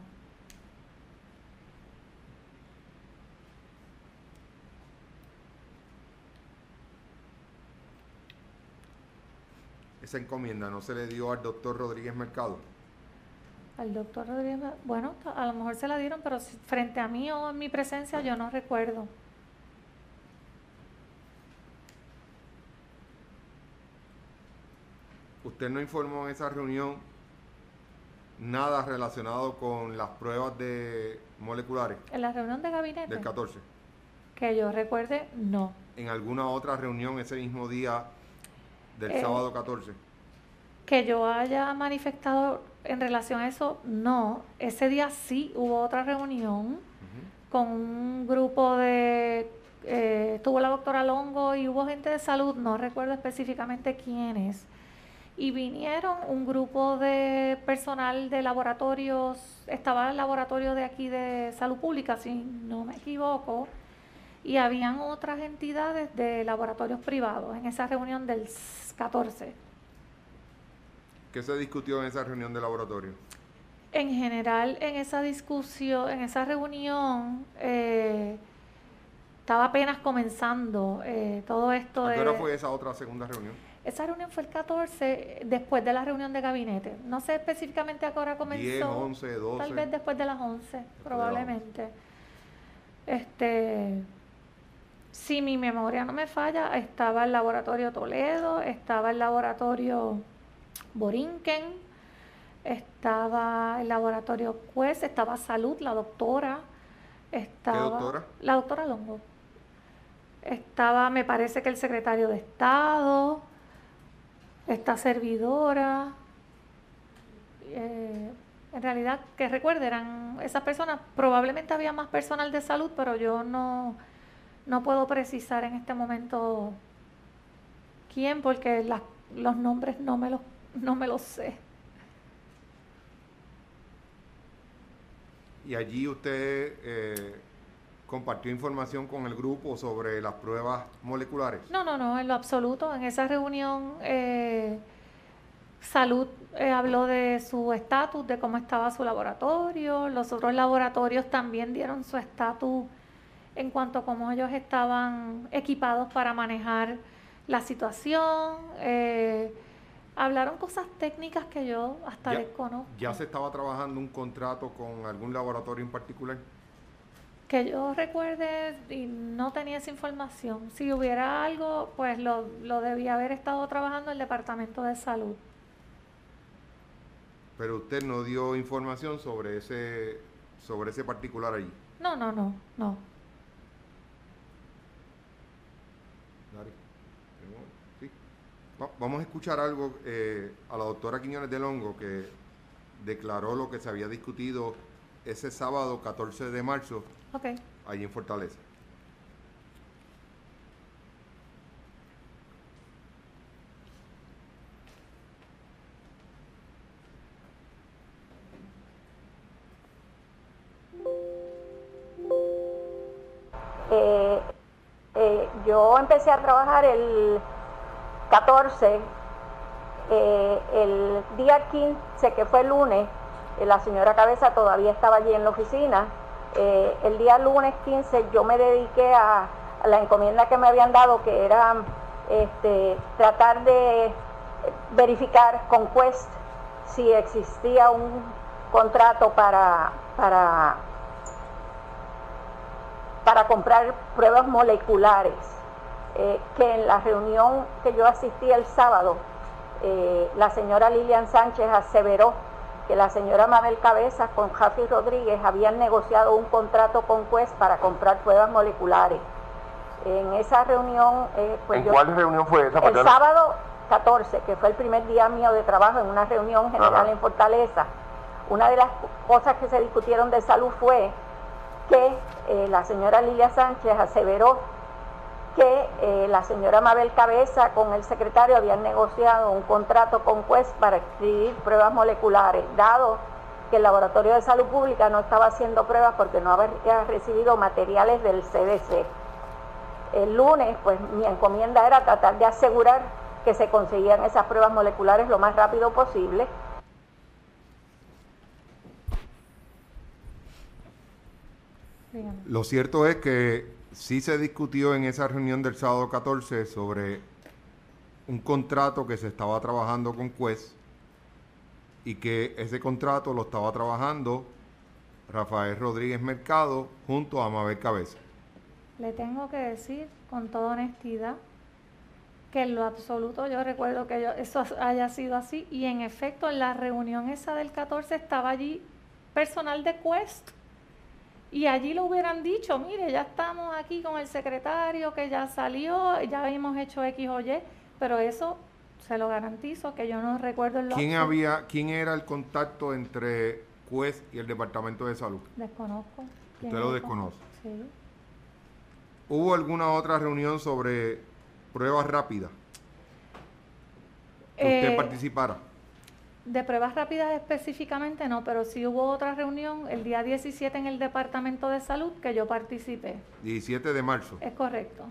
¿Esa encomienda no se le dio al doctor Rodríguez Mercado? Al doctor Rodríguez, bueno, a lo mejor se la dieron, pero si, frente a mí o en mi presencia yo no recuerdo. ¿Usted no informó en esa reunión nada relacionado con las pruebas de moleculares? ¿En la reunión de gabinete? Del catorce. Que yo recuerde, no. ¿En alguna otra reunión ese mismo día del eh, sábado catorce? Que yo haya manifestado en relación a eso, no. Ese día sí hubo otra reunión uh-huh. con un grupo de... Eh, estuvo la doctora Longo y hubo gente de salud, no recuerdo específicamente quiénes. Y vinieron un grupo de personal de laboratorios, estaba el laboratorio de aquí de salud pública, si no me equivoco, y habían otras entidades de laboratorios privados en esa reunión del catorce. ¿Qué se discutió en esa reunión de laboratorio? En general, en esa discusión, en esa reunión, eh, estaba apenas comenzando eh, todo esto. ¿A qué hora fue esa otra segunda reunión? Esa reunión fue el catorce, después de la reunión de gabinete. No sé específicamente a qué hora comenzó. diez, once, doce. Tal vez después de las once, después probablemente. De las once. Este, si mi memoria no me falla, estaba el laboratorio Toledo, estaba el laboratorio Borinquen, estaba el laboratorio Juez, estaba Salud, la doctora. Estaba, ¿Qué doctora? La doctora Longo. Estaba, me parece que el secretario de Estado, esta servidora, eh, en realidad, que recuerden, eran esas personas, probablemente había más personal de salud, pero yo no, no puedo precisar en este momento quién, porque la, los nombres no me los, no me los sé. Y allí usted eh, compartió información con el grupo sobre las pruebas moleculares. No, no, no, en lo absoluto. En esa reunión, eh, Salud eh, habló de su estatus, de cómo estaba su laboratorio. Los otros laboratorios también dieron su estatus en cuanto a cómo ellos estaban equipados para manejar la situación. Eh, hablaron cosas técnicas que yo hasta ¿Ya, desconozco. ¿Ya se estaba trabajando un contrato con algún laboratorio en particular? Que yo recuerde y no tenía esa información. Si hubiera algo, pues lo, lo debía haber estado trabajando el Departamento de Salud. Pero usted no dio información sobre ese, sobre ese particular allí. No, no, no, no. Dari, sí. Va- Vamos a escuchar algo eh, a la doctora Quiñones del Hongo, que declaró lo que se había discutido ese sábado catorce de marzo Ok. allí en Fortaleza. Eh, eh, yo empecé a trabajar el catorce, eh, el día quince, que fue el lunes, eh, la señora Cabeza todavía estaba allí en la oficina. Eh, el día lunes quince yo me dediqué a, a la encomienda que me habían dado, que era este, tratar de verificar con Quest si existía un contrato para, para para comprar pruebas moleculares, eh, que en la reunión que yo asistí el sábado, eh, la señora Lilian Sánchez aseveró que la señora Mabel Cabezas con Jafi Rodríguez habían negociado un contrato con Quest para comprar pruebas moleculares. En esa reunión... Eh, pues ¿En yo, cuál reunión fue esa? El sábado catorce, que fue el primer día mío de trabajo en una reunión general Ajá. en Fortaleza. Una de las cosas que se discutieron de salud fue que eh, la señora Lilia Sánchez aseveró que eh, la señora Mabel Cabeza con el secretario habían negociado un contrato con Quest para escribir pruebas moleculares, dado que el Laboratorio de Salud Pública no estaba haciendo pruebas porque no había recibido materiales del C D C. El lunes, pues mi encomienda era tratar de asegurar que se conseguían esas pruebas moleculares lo más rápido posible. Lo cierto es que sí se discutió en esa reunión del sábado catorce sobre un contrato que se estaba trabajando con Quest y que ese contrato lo estaba trabajando Rafael Rodríguez Mercado junto a Mabel Cabeza. Le tengo que decir con toda honestidad que en lo absoluto yo recuerdo que yo, eso haya sido así, y en efecto en la reunión esa del catorce estaba allí personal de Quest. Y allí lo hubieran dicho, mire, ya estamos aquí con el secretario que ya salió, ya hemos hecho X o Y, pero eso se lo garantizo que yo no recuerdo el ¿Quién había, quién era el contacto entre Quest y el Departamento de Salud? Desconozco. ¿Usted lo desconoce? Sí. ¿Hubo alguna otra reunión sobre pruebas rápidas que Eh, usted participara? De pruebas rápidas específicamente no, pero sí hubo otra reunión el día diecisiete en el Departamento de Salud que yo participé. diecisiete de marzo. Es correcto.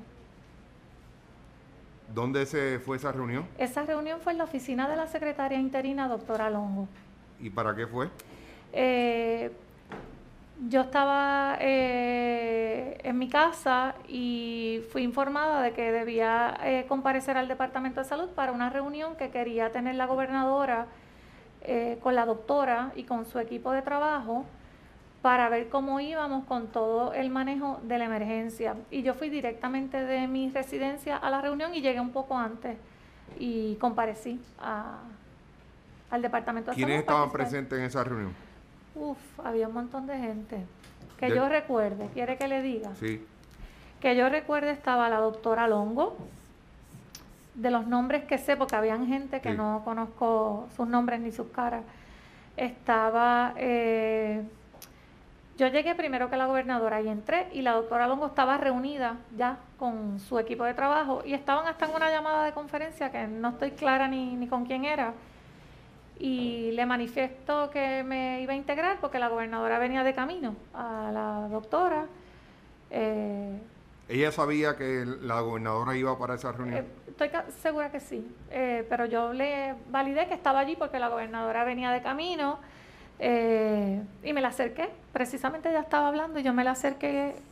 ¿Dónde se fue esa reunión? Esa reunión fue en la oficina de la secretaria interina, doctora Longo. ¿Y para qué fue? Eh, yo estaba eh, en mi casa y fui informada de que debía eh, comparecer al Departamento de Salud para una reunión que quería tener la gobernadora Eh, con la doctora y con su equipo de trabajo para ver cómo íbamos con todo el manejo de la emergencia. Y yo fui directamente de mi residencia a la reunión y llegué un poco antes y comparecí a, al Departamento de Salud. ¿Quiénes estaban presentes en esa reunión? Uf, había un montón de gente. Que De... yo recuerde, ¿quiere que le diga? Sí. Que yo recuerde estaba la doctora Longo. De los nombres que sé, porque habían gente que sí. no conozco sus nombres ni sus caras, estaba, eh, yo llegué primero que la gobernadora y entré y la doctora Longo estaba reunida ya con su equipo de trabajo y estaban hasta en una llamada de conferencia que no estoy clara ni, ni con quién era, y le manifiesto que me iba a integrar porque la gobernadora venía de camino a la doctora. eh, ¿Ella sabía que la gobernadora iba para esa reunión? Eh, estoy segura que sí, eh, pero yo le validé que estaba allí porque la gobernadora venía de camino eh, y me la acerqué. Precisamente ella estaba hablando y yo me la acerqué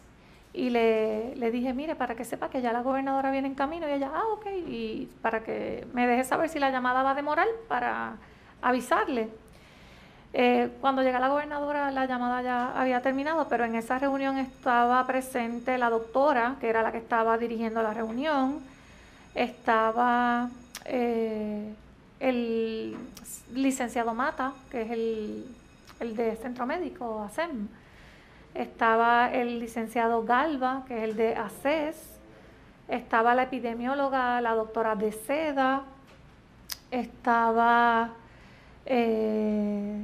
y le, le dije, mire, para que sepa que ya la gobernadora viene en camino, y ella, ah, ok, y para que me deje saber si la llamada va a demorar para avisarle. Eh, cuando llega la gobernadora, la llamada ya había terminado, pero en esa reunión estaba presente la doctora, que era la que estaba dirigiendo la reunión, estaba eh, el licenciado Mata, que es el, el de Centro Médico, ASEM, estaba el licenciado Galva, que es el de ACES, estaba la epidemióloga, la doctora de Seda, estaba, eh,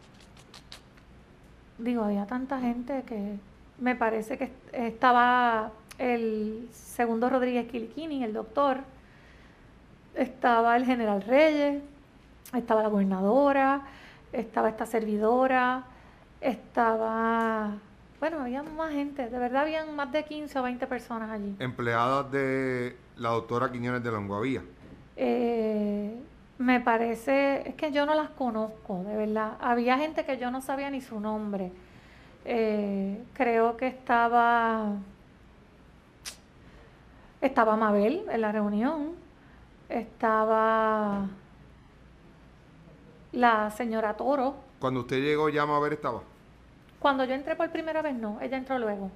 digo, había tanta gente que me parece que estaba el segundo Rodríguez Quiliquini, el doctor, estaba el general Reyes, estaba la gobernadora, estaba esta servidora, estaba, bueno, había más gente, de verdad habían más de quince o veinte personas allí. Empleadas de la doctora Quiñones de Longuavía. Eh, me parece, es que yo no las conozco, de verdad. Había gente que yo no sabía ni su nombre. Eh, creo que estaba, estaba Mabel en la reunión, estaba la señora Toro. Cuando usted llegó, ya Mabel estaba. Cuando yo entré por primera vez, no, ella entró luego.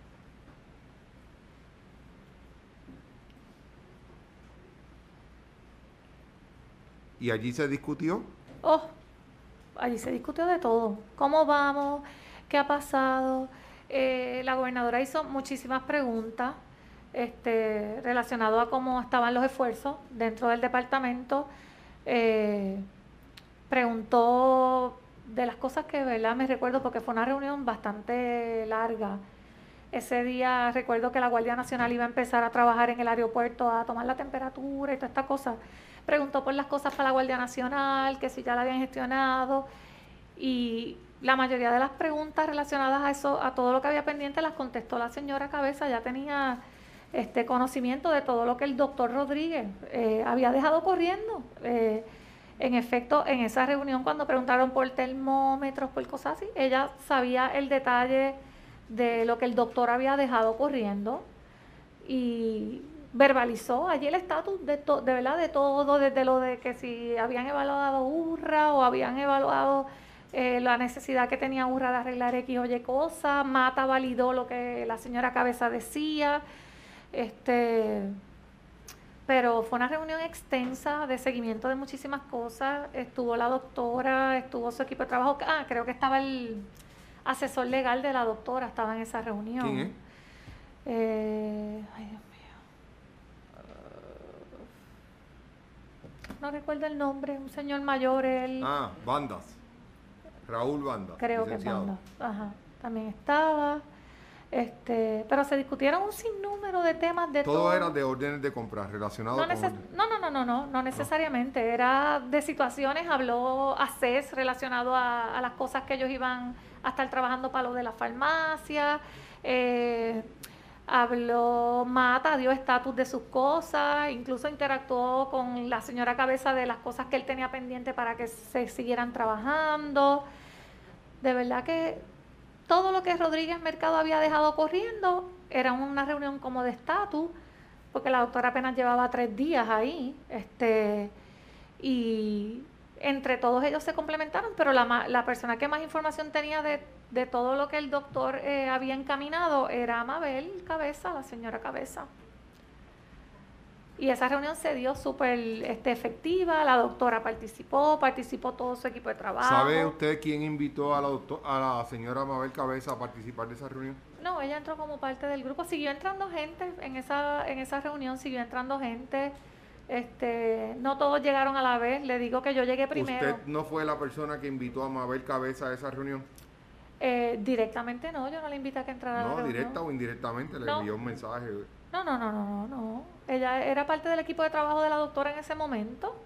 Y allí se discutió. Oh, allí se discutió de todo. ¿Cómo vamos? ¿Qué ha pasado? Eh, la gobernadora hizo muchísimas preguntas este, relacionadas a cómo estaban los esfuerzos dentro del departamento. Eh, preguntó de las cosas que, ¿verdad? Me recuerdo porque fue una reunión bastante larga. Ese día recuerdo que la Guardia Nacional iba a empezar a trabajar en el aeropuerto, a tomar la temperatura y toda esta cosa. Preguntó por las cosas para la Guardia Nacional, que si ya la habían gestionado, y la mayoría de las preguntas relacionadas a eso, a todo lo que había pendiente, las contestó la señora Cabeza. Ya tenía este conocimiento de todo lo que el doctor Rodríguez eh, había dejado corriendo. Eh, en efecto, en esa reunión, cuando preguntaron por termómetros, por cosas así, ella sabía el detalle de lo que el doctor había dejado corriendo y verbalizó allí el estatus de, to, de verdad de todo, desde lo de que si habían evaluado URRA o habían evaluado eh, la necesidad que tenía URRA de arreglar X o Y cosas. Mata validó lo que la señora Cabeza decía, este, pero fue una reunión extensa de seguimiento de muchísimas cosas. Estuvo la doctora, estuvo su equipo de trabajo, ah, creo que estaba el asesor legal de la doctora, estaba en esa reunión. ¿Quién es? Eh, ay, Dios mío. No recuerdo el nombre, un señor mayor, él. Ah, Bandas. Raúl Bandas. Creo que es Banda. Ajá, también estaba. Este, pero se discutieron un sinnúmero de temas de todo. Todo era de órdenes de compra relacionados no, con neces orden. no, no, no, no, no, no necesariamente. Era de situaciones, habló ACES relacionado a, a las cosas que ellos iban a estar trabajando para lo de la farmacia. Eh, habló Mata, dio estatus de sus cosas, incluso interactuó con la señora Cabeza de las cosas que él tenía pendiente para que se siguieran trabajando. De verdad que todo lo que Rodríguez Mercado había dejado corriendo era una reunión como de estatus, porque la doctora apenas llevaba tres días ahí, este, y entre todos ellos se complementaron, pero la, la persona que más información tenía de, de todo lo que el doctor eh, había encaminado era Mabel Cabeza, la señora Cabeza. Y esa reunión se dio súper este, efectiva, la doctora participó, participó todo su equipo de trabajo. ¿Sabe usted quién invitó a la, doctor, a la señora Mabel Cabeza a participar de esa reunión? No, ella entró como parte del grupo, siguió entrando gente en esa, en esa reunión, siguió entrando gente, este, no todos llegaron a la vez, le digo que yo llegué primero. ¿Usted no fue la persona que invitó a Mabel Cabeza a esa reunión? Eh, directamente no, yo no la invité a que entrara a la No, reunión. directa o indirectamente le No. envió un mensaje. No, no, no, no, no, no. Ella era parte del equipo de trabajo de la doctora en ese momento.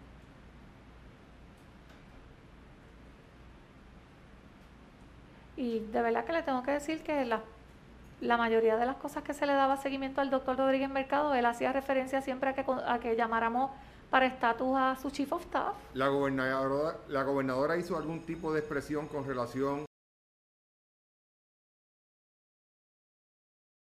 Y de verdad que le tengo que decir que la, la mayoría de las cosas que se le daba seguimiento al doctor Rodríguez Mercado, él hacía referencia siempre a que, a que llamáramos para estatus a su chief of staff. La gobernadora, la gobernadora hizo algún tipo de expresión con relación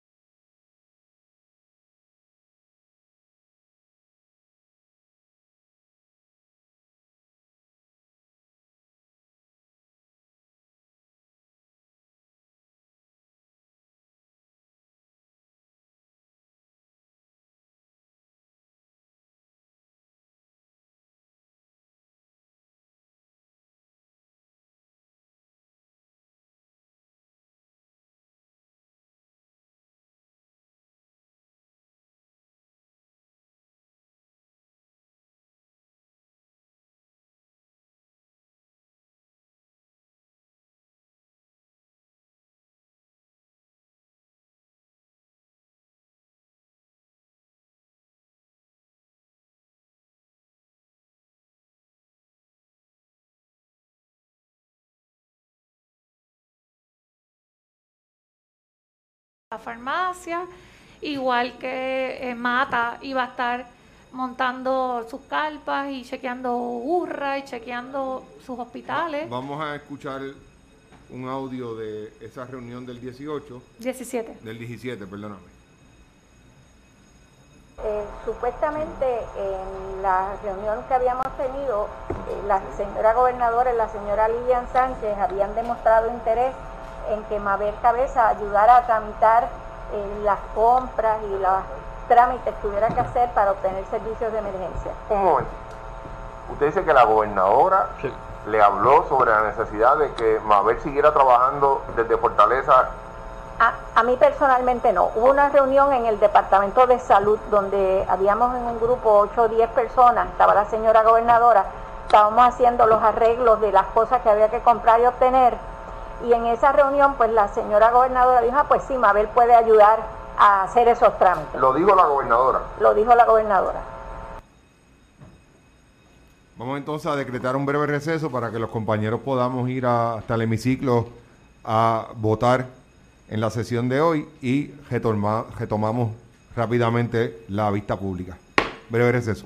la farmacia, igual que eh, Mata iba a estar montando sus carpas y chequeando urra y chequeando sus hospitales. Vamos a escuchar un audio de esa reunión del dieciocho. diecisiete. Del diecisiete, perdóname. Eh, supuestamente en la reunión que habíamos tenido, eh, la señora gobernadora y la señora Lilian Sánchez habían demostrado interés en que Mabel Cabeza ayudara a tramitar eh, las compras y los trámites que tuviera que hacer para obtener servicios de emergencia. Un momento. Usted dice que la gobernadora sí. le habló sobre la necesidad de que Mabel siguiera trabajando desde Fortaleza. A, a mí personalmente no. Hubo una reunión en el Departamento de Salud donde habíamos en un grupo ocho o diez personas, estaba la señora gobernadora, estábamos haciendo los arreglos de las cosas que había que comprar y obtener, y en esa reunión pues la señora gobernadora dijo, ah, pues sí, Mabel puede ayudar a hacer esos trámites. ¿Lo dijo la gobernadora? Lo dijo la gobernadora. Vamos entonces a decretar un breve receso para que los compañeros podamos ir a, hasta el hemiciclo a votar en la sesión de hoy y retoma, retomamos rápidamente la vista pública. Breve receso.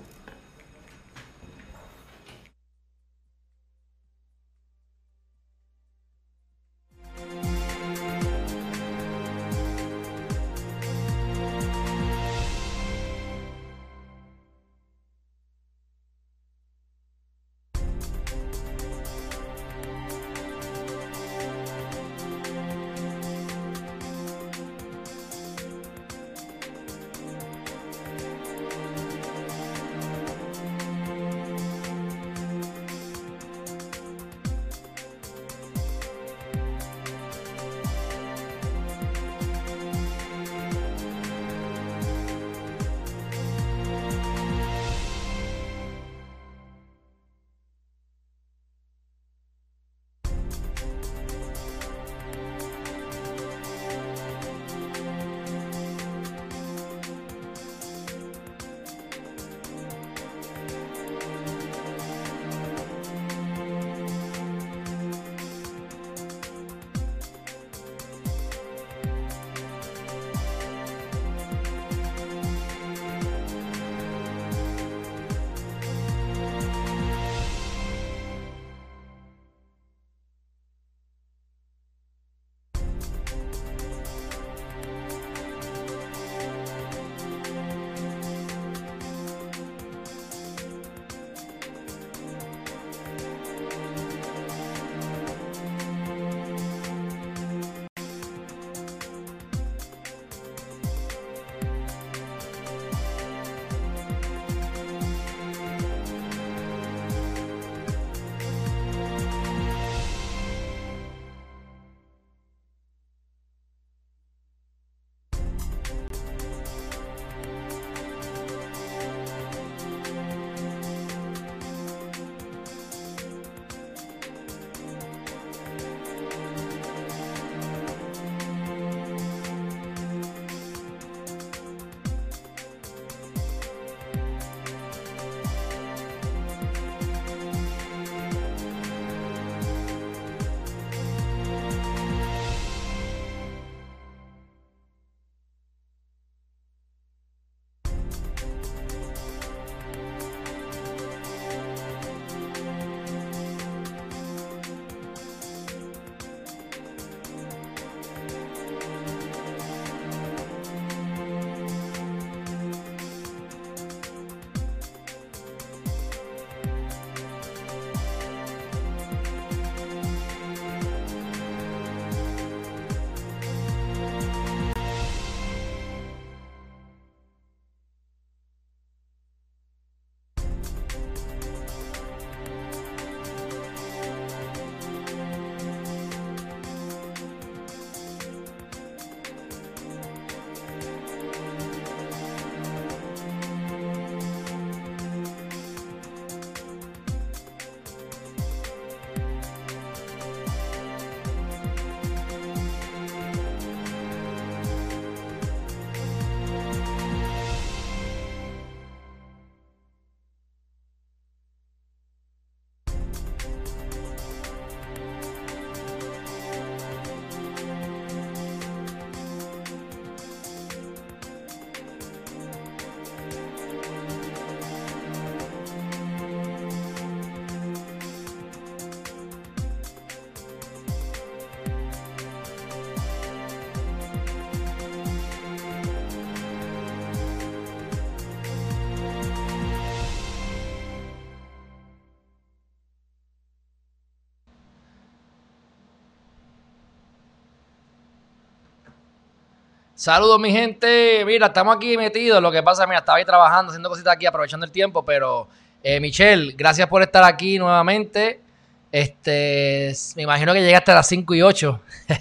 Saludos, mi gente. Mira, estamos aquí metidos. Lo que pasa, mira, estaba ahí trabajando, haciendo cositas aquí, aprovechando el tiempo. Pero, eh, Michelle, gracias por estar aquí nuevamente. Este, me imagino que llegaste a las cinco y ocho.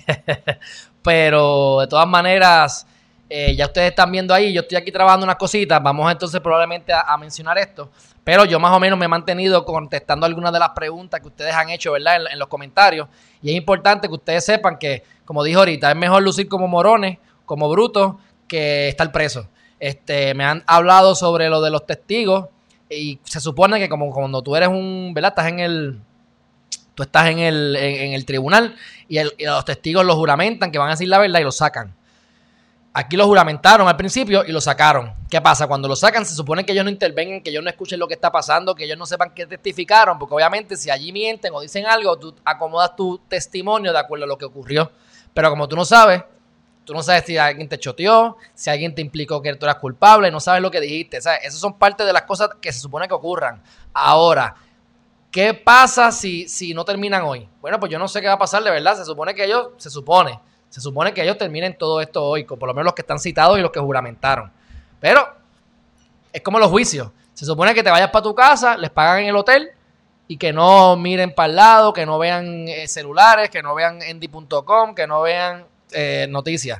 Pero, de todas maneras, eh, ya ustedes están viendo ahí. Yo estoy aquí trabajando unas cositas. Vamos entonces probablemente a, a mencionar esto. Pero yo más o menos me he mantenido contestando algunas de las preguntas que ustedes han hecho, ¿verdad? En, en los comentarios. Y es importante que ustedes sepan que, como dije ahorita, es mejor lucir como morones, como bruto, que estar preso. Este, me han hablado sobre lo de los testigos y se supone que como cuando tú eres un, ¿verdad? Estás en el, tú estás en el, en, en el tribunal y, el, y los testigos los juramentan que van a decir la verdad y lo sacan. Aquí lo juramentaron al principio y lo sacaron. ¿Qué pasa? Cuando lo sacan se supone que ellos no intervengan, que ellos no escuchen lo que está pasando, que ellos no sepan qué testificaron, porque obviamente si allí mienten o dicen algo, tú acomodas tu testimonio de acuerdo a lo que ocurrió. Pero como tú no sabes, tú no sabes si alguien te choteó, si alguien te implicó que tú eras culpable, no sabes lo que dijiste. ¿Sabes? Esas son parte de las cosas que se supone que ocurran. Ahora, ¿qué pasa si, si no terminan hoy? Bueno, pues yo no sé qué va a pasar, de verdad. Se supone que ellos, se supone, se supone que ellos terminen todo esto hoy, por lo menos los que están citados y los que juramentaron. Pero es como los juicios. Se supone que te vayas para tu casa, les pagan en el hotel y que no miren para el lado, que no vean eh, celulares, que no vean endy punto com, que no vean Eh, noticias.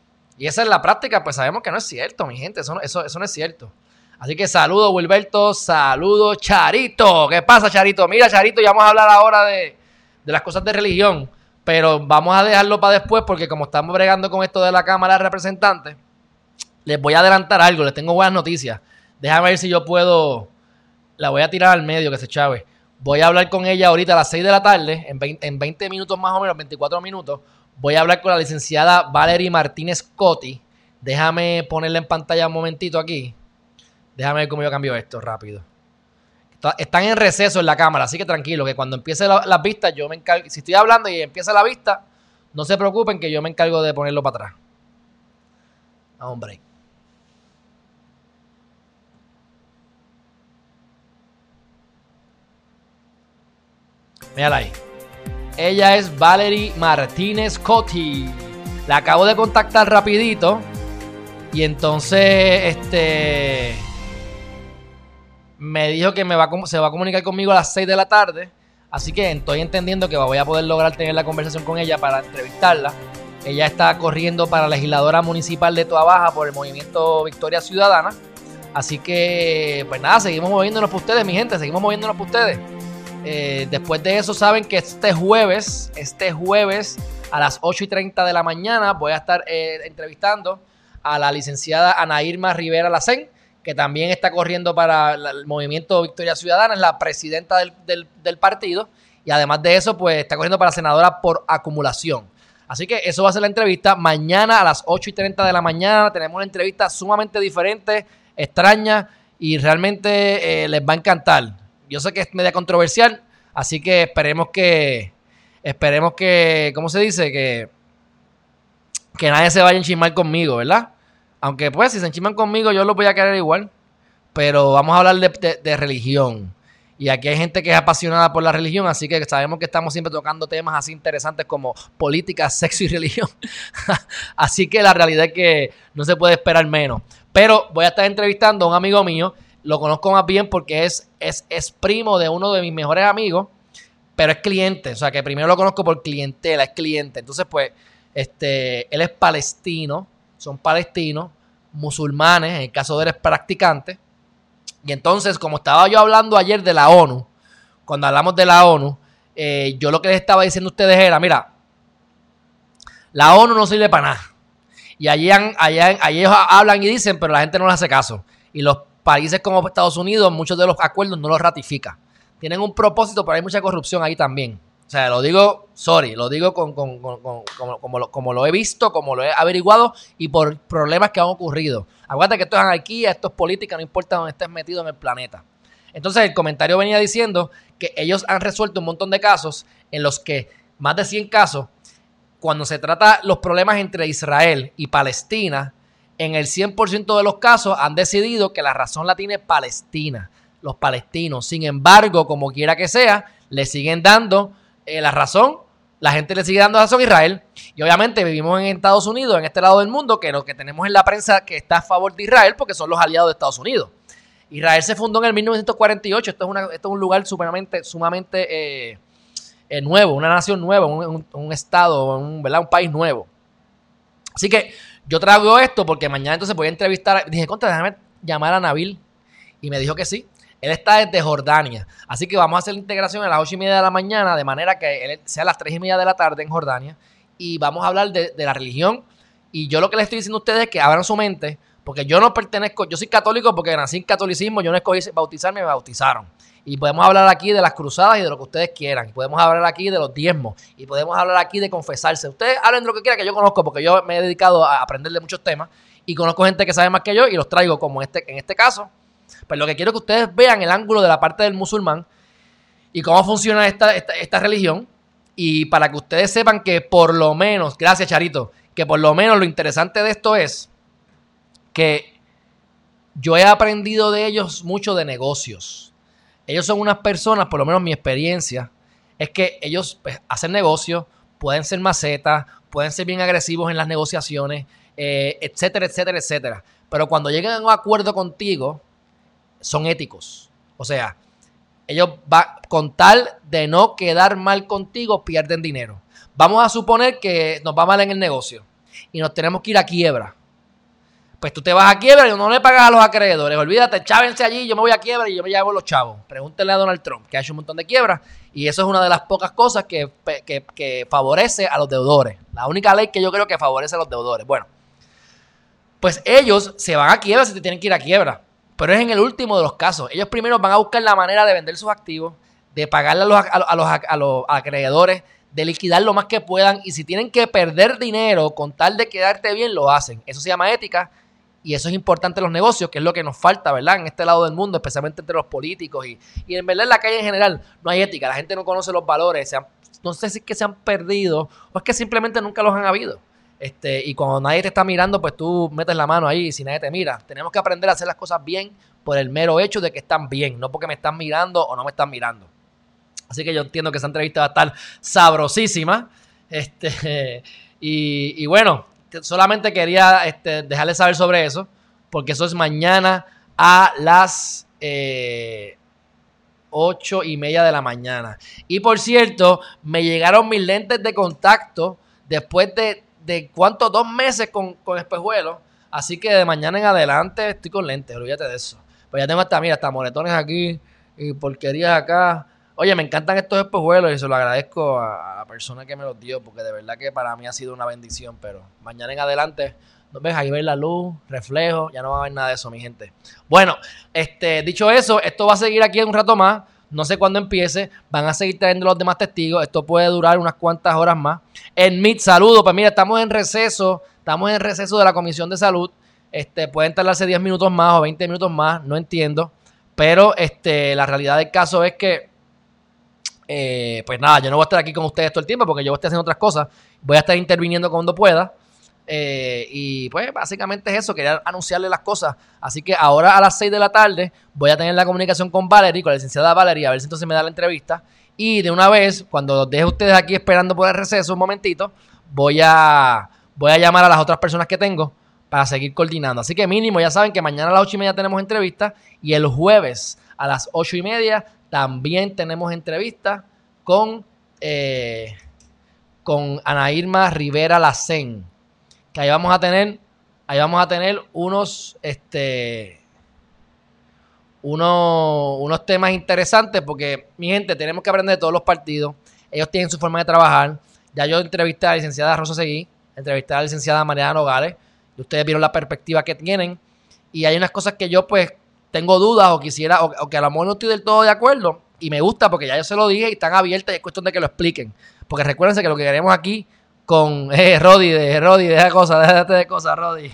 Y esa es la práctica, pues sabemos que no es cierto, mi gente, eso, eso, eso no es cierto. Así que saludos, Wilberto, saludos, Charito. ¿Qué pasa, Charito? Mira, Charito, ya vamos a hablar ahora de, de las cosas de religión, pero vamos a dejarlo para después porque como estamos bregando con esto de la Cámara de Representantes, les voy a adelantar algo, les tengo buenas noticias. Déjame ver si yo puedo, la voy a tirar al medio, que se chave. Voy a hablar con ella ahorita a las seis de la tarde, en veinte, en veinte minutos más o menos, veinticuatro minutos. Voy a hablar con la licenciada Valerie Martínez Cotti. Déjame ponerla en pantalla un momentito aquí. Déjame ver cómo yo cambio esto rápido. Están en receso en la cámara, así que tranquilo, que cuando empiece la, las vistas, yo me encargo. Si estoy hablando y empieza la vista, no se preocupen que yo me encargo de ponerlo para atrás. Vamos, break. Mírala ahí. Ella es Valerie Martínez Cotti. La acabo de contactar rapidito. Y entonces, este... me dijo que me va a, se va a comunicar conmigo a las seis de la tarde. Así que estoy entendiendo que voy a poder lograr tener la conversación con ella para entrevistarla. Ella está corriendo para legisladora municipal de Toa Baja por el movimiento Victoria Ciudadana. Así que, pues nada, seguimos moviéndonos por ustedes, mi gente. Seguimos moviéndonos por ustedes. Eh, después de eso saben que este jueves, este jueves a las ocho y treinta de la mañana voy a estar eh, entrevistando a la licenciada Ana Irma Rivera Lacén, que también está corriendo para el movimiento Victoria Ciudadana, es la presidenta del, del, del partido y además de eso pues está corriendo para senadora por acumulación. Así que eso va a ser la entrevista mañana a las ocho y treinta de la mañana. Tenemos una entrevista sumamente diferente, extraña y realmente eh, les va a encantar. Yo sé que es media controversial, así que esperemos que, esperemos que, ¿cómo se dice? Que, que nadie se vaya a enchismar conmigo, ¿verdad? Aunque pues si se enchisman conmigo yo los voy a querer igual, pero vamos a hablar de, de, de religión. Y aquí hay gente que es apasionada por la religión, así que sabemos que estamos siempre tocando temas así interesantes como política, sexo y religión. Así que la realidad es que no se puede esperar menos. Pero voy a estar entrevistando a un amigo mío. Lo conozco más bien porque es, es, es primo de uno de mis mejores amigos, pero es cliente. O sea, que primero lo conozco por clientela, es cliente. Entonces, pues, este, él es palestino, son palestinos, musulmanes, en el caso de él es practicante. Y entonces, como estaba yo hablando ayer de la ONU, cuando hablamos de la ONU, eh, yo lo que les estaba diciendo a ustedes era, mira, la ONU no sirve para nada. Y allí, allá, allí ellos hablan y dicen, pero la gente no les hace caso. Y los países como Estados Unidos, muchos de los acuerdos no los ratifican. Tienen un propósito, pero hay mucha corrupción ahí también. O sea, lo digo, sorry, lo digo con, con, con, con, como, como, lo, como lo he visto, como lo he averiguado y por problemas que han ocurrido. Acuérdate que esto es anarquía, esto es política, no importa dónde estés metido en el planeta. Entonces, el comentario venía diciendo que ellos han resuelto un montón de casos en los que, más de cien casos, cuando se trata los problemas entre Israel y Palestina, en el cien por ciento de los casos han decidido que la razón la tiene Palestina, los palestinos. Sin embargo, como quiera que sea, le siguen dando eh, la razón la gente le sigue dando razón a Israel. Y obviamente vivimos en Estados Unidos, en este lado del mundo, que lo que tenemos es la prensa que está a favor de Israel porque son los aliados de Estados Unidos. Israel se fundó en el mil novecientos cuarenta y ocho. Esto es, una, esto es un lugar sumamente, sumamente eh, eh, nuevo, una nación nueva, un, un, un estado, un, ¿verdad? un país nuevo. Así que yo traigo esto porque mañana entonces voy a entrevistar. Dije, contra, déjame llamar a Nabil. Y me dijo que sí. Él está desde Jordania. Así que vamos a hacer la integración a las ocho y media de la mañana, de manera que él sea a las tres y media de la tarde en Jordania. Y vamos a hablar de, de la religión. Y yo lo que les estoy diciendo a ustedes es que abran su mente, porque yo no pertenezco, yo soy católico porque nací en catolicismo, yo no escogí bautizarme, me bautizaron. Y podemos hablar aquí de las cruzadas y de lo que ustedes quieran. Y podemos hablar aquí de los diezmos. Y podemos hablar aquí de confesarse. Ustedes hablen de lo que quieran, que yo conozco, porque yo me he dedicado a aprender de muchos temas. Y conozco gente que sabe más que yo y los traigo como este, en este caso. Pues lo que quiero es que ustedes vean el ángulo de la parte del musulmán y cómo funciona esta, esta, esta religión. Y para que ustedes sepan que por lo menos, gracias Charito, que por lo menos lo interesante de esto es que yo he aprendido de ellos mucho de negocios. Ellos son unas personas, por lo menos mi experiencia, es que ellos pues, hacen negocios, pueden ser macetas, pueden ser bien agresivos en las negociaciones, eh, etcétera, etcétera, etcétera. Pero cuando llegan a un acuerdo contigo, son éticos. O sea, ellos va, con tal de no quedar mal contigo, pierden dinero. Vamos a suponer que nos va mal en el negocio y nos tenemos que ir a quiebra. Pues tú te vas a quiebra y no le pagas a los acreedores. Olvídate, chávense allí, yo me voy a quiebra y yo me llevo los chavos. Pregúntenle a Donald Trump, que ha hecho un montón de quiebras. Y eso es una de las pocas cosas que, que, que favorece a los deudores. La única ley que yo creo que favorece a los deudores. Bueno, pues ellos se van a quiebra si te tienen que ir a quiebra. Pero es en el último de los casos. Ellos primero van a buscar la manera de vender sus activos, de pagarle a los, a, a los, a los acreedores, de liquidar lo más que puedan. Y si tienen que perder dinero con tal de quedarte bien, lo hacen. Eso se llama ética. Y eso es importante en los negocios, que es lo que nos falta, ¿verdad? En este lado del mundo, especialmente entre los políticos. Y, y en verdad en la calle en general no hay ética. La gente no conoce los valores. Se han, no sé si es que se han perdido o es que simplemente nunca los han habido. Este, y cuando nadie te está mirando, pues tú metes la mano ahí y si nadie te mira. Tenemos que aprender a hacer las cosas bien por el mero hecho de que están bien, no porque me están mirando o no me están mirando. Así que yo entiendo que esa entrevista va a estar sabrosísima. Este, y, y bueno, solamente quería este, dejarles saber sobre eso, porque eso es mañana a las eh, ocho y media de la mañana. Y por cierto, me llegaron mis lentes de contacto después de de cuánto, dos meses con, con espejuelos, así que de mañana en adelante estoy con lentes, olvídate de eso. Pues ya tengo hasta, mira, hasta moretones aquí y porquerías acá. Oye, me encantan estos espejuelos y se lo agradezco a, a la persona que me los dio, porque de verdad que para mí ha sido una bendición, pero mañana en adelante, ¿no ves? Ahí ves la luz, reflejo, ya no va a haber nada de eso, mi gente. Bueno, este, dicho eso, esto va a seguir aquí un rato más. No sé cuándo empiece, van a seguir trayendo los demás testigos. Esto puede durar unas cuantas horas más. En Meet, saludos. Pues mira, estamos en receso. Estamos en receso de la Comisión de Salud. Este, pueden tardarse diez minutos más o veinte minutos más, no entiendo. Pero este, la realidad del caso es que, eh, pues nada, yo no voy a estar aquí con ustedes todo el tiempo porque yo voy a estar haciendo otras cosas. Voy a estar interviniendo cuando pueda. Eh, y pues básicamente es eso, quería anunciarles las cosas. Así que ahora a las seis de la tarde voy a tener la comunicación con Valerie, con la licenciada Valerie, a ver si entonces me da la entrevista. Y de una vez, cuando los deje ustedes aquí esperando por el receso un momentito, voy a, voy a llamar a las otras personas que tengo para seguir coordinando. Así que mínimo, ya saben que mañana a las ocho y media tenemos entrevista y el jueves a las ocho y media también tenemos entrevista con, eh, con Ana Irma Rivera Lacén. Que ahí vamos a tener, ahí vamos a tener unos, este, unos, unos temas interesantes porque, mi gente, tenemos que aprender de todos los partidos. Ellos tienen su forma de trabajar. Ya yo entrevisté a la licenciada Rosa Seguí, entrevisté a la licenciada Mariana Nogales, y ustedes vieron la perspectiva que tienen. Y hay unas cosas que yo, pues, tengo dudas o quisiera, o, o que a lo mejor no estoy del todo de acuerdo. Y me gusta porque ya yo se lo dije y están abiertas y es cuestión de que lo expliquen. Porque recuérdense que lo que queremos aquí con eh, Rodi, de Rodi, deja cosas, déjate de cosas, Rodi.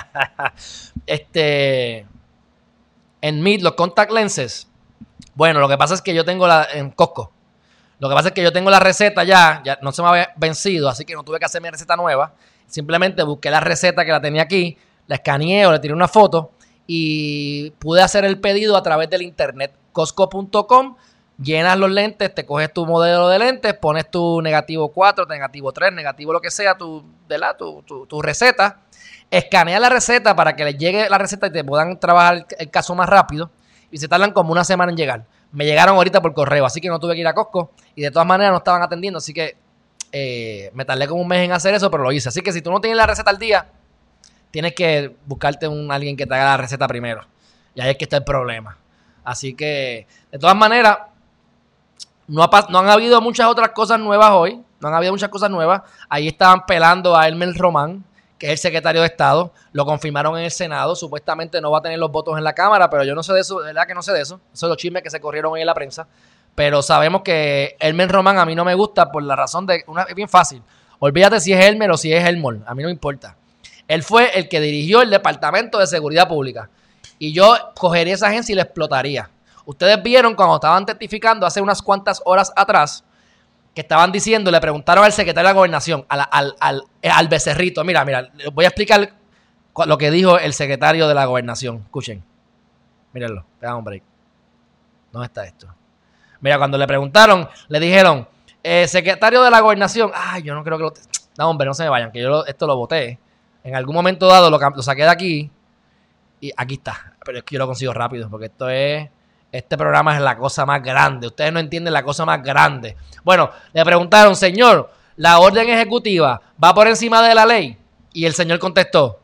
este, en Meet, los contact lenses. Bueno, lo que pasa es que yo tengo la, en Costco, lo que pasa es que yo tengo la receta ya, ya no se me había vencido, así que no tuve que hacer mi receta nueva. Simplemente busqué la receta que la tenía aquí, la escaneé o le tiré una foto y pude hacer el pedido a través del internet, Costco punto com. llenas los lentes, te coges tu modelo de lentes, pones tu negativo cuatro, negativo tres, negativo lo que sea, tu, ¿verdad? tu, tu, tu receta, escaneas la receta para que les llegue la receta y te puedan trabajar el, el caso más rápido y se tardan como una semana en llegar. Me llegaron ahorita por correo, así que no tuve que ir a Costco y de todas maneras no estaban atendiendo, así que eh, me tardé como un mes en hacer eso, pero lo hice. Así que si tú no tienes la receta al día, tienes que buscarte un alguien que te haga la receta primero. Y ahí es que está el problema. Así que, de todas maneras, no, ha, no han habido muchas otras cosas nuevas hoy. No han habido muchas cosas nuevas. Ahí estaban pelando a Elmer Román, que es el secretario de Estado. Lo confirmaron en el Senado. Supuestamente no va a tener los votos en la Cámara, pero yo no sé de eso. De verdad que no sé de eso. Esos son los chismes que se corrieron hoy en la prensa. Pero sabemos que Elmer Román a mí no me gusta por la razón de... Una, es bien fácil. Olvídate si es Elmer o si es Elmore. A mí no me importa. Él fue el que dirigió el Departamento de Seguridad Pública. Y yo cogería esa agencia y la explotaría. Ustedes vieron cuando estaban testificando hace unas cuantas horas atrás que estaban diciendo, le preguntaron al secretario de la Gobernación, al, al, al, al becerrito. Mira, mira, les voy a explicar lo que dijo el secretario de la Gobernación. Escuchen. Mírenlo, vean un break. ¿Dónde está esto? Mira, cuando le preguntaron, le dijeron, eh, secretario de la Gobernación, ay, yo no creo que lo... No, hombre, no se me vayan, que yo lo, esto lo voté. En algún momento dado lo, lo saqué de aquí y aquí está. Pero es que yo lo consigo rápido porque esto es... Este programa es la cosa más grande. Ustedes no entienden la cosa más grande. Bueno, le preguntaron, señor, ¿la orden ejecutiva va por encima de la ley? Y el señor contestó,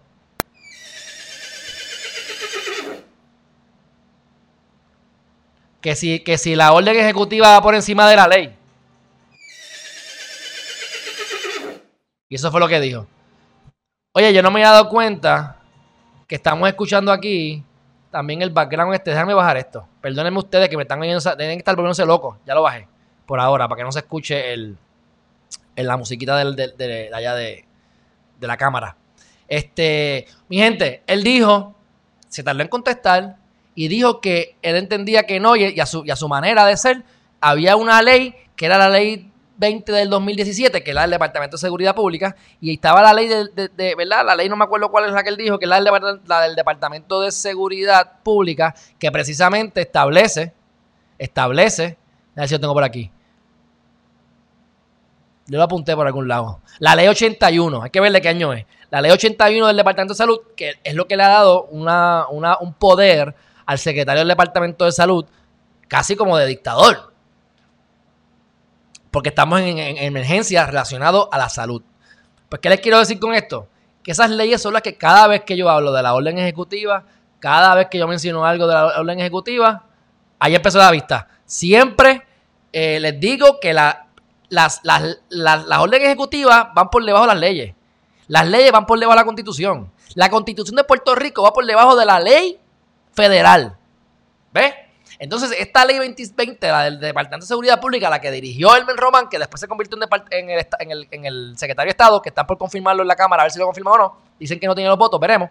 que si, que si la orden ejecutiva va por encima de la ley. Y eso fue lo que dijo. Oye, yo no me había dado cuenta que estamos escuchando aquí también el background este. Déjame bajar esto. Perdónenme ustedes que me están oyendo, tienen que estar volviéndose locos. Ya lo bajé por ahora, para que no se escuche el, el la musiquita del, de, de, de allá de, de la cámara. Este, mi gente, él dijo, se tardó en contestar y dijo que él entendía que no, y, y, a su, y a su manera de ser, había una ley que era la ley veinte del dos mil diecisiete, que es la del Departamento de Seguridad Pública, y estaba la ley de, de, de, ¿verdad? La ley no me acuerdo cuál es la que él dijo, que es la del, la del Departamento de Seguridad Pública, que precisamente establece, establece, a ver si lo tengo por aquí. Yo lo apunté por algún lado. La ley ochenta y uno, hay que ver de qué año es. La ley ochenta y uno del Departamento de Salud, que es lo que le ha dado una, una, un poder al secretario del Departamento de Salud, casi como de dictador. Porque estamos en, en, en emergencia relacionado a la salud. Pues, ¿qué les quiero decir con esto? Que esas leyes son las que cada vez que yo hablo de la orden ejecutiva, cada vez que yo menciono algo de la orden ejecutiva, ahí empezó la vista. Siempre eh, les digo que la, las, las, las, las órdenes ejecutivas van por debajo de las leyes. Las leyes van por debajo de la Constitución. La Constitución de Puerto Rico va por debajo de la ley federal. ¿Ves? Entonces, esta ley veinte veinte, la del Departamento de Seguridad Pública, la que dirigió Elmer Román, que después se convirtió en, en, el, en, el, en el secretario de Estado, que están por confirmarlo en la Cámara, a ver si lo confirman o no. Dicen que no tiene los votos, veremos.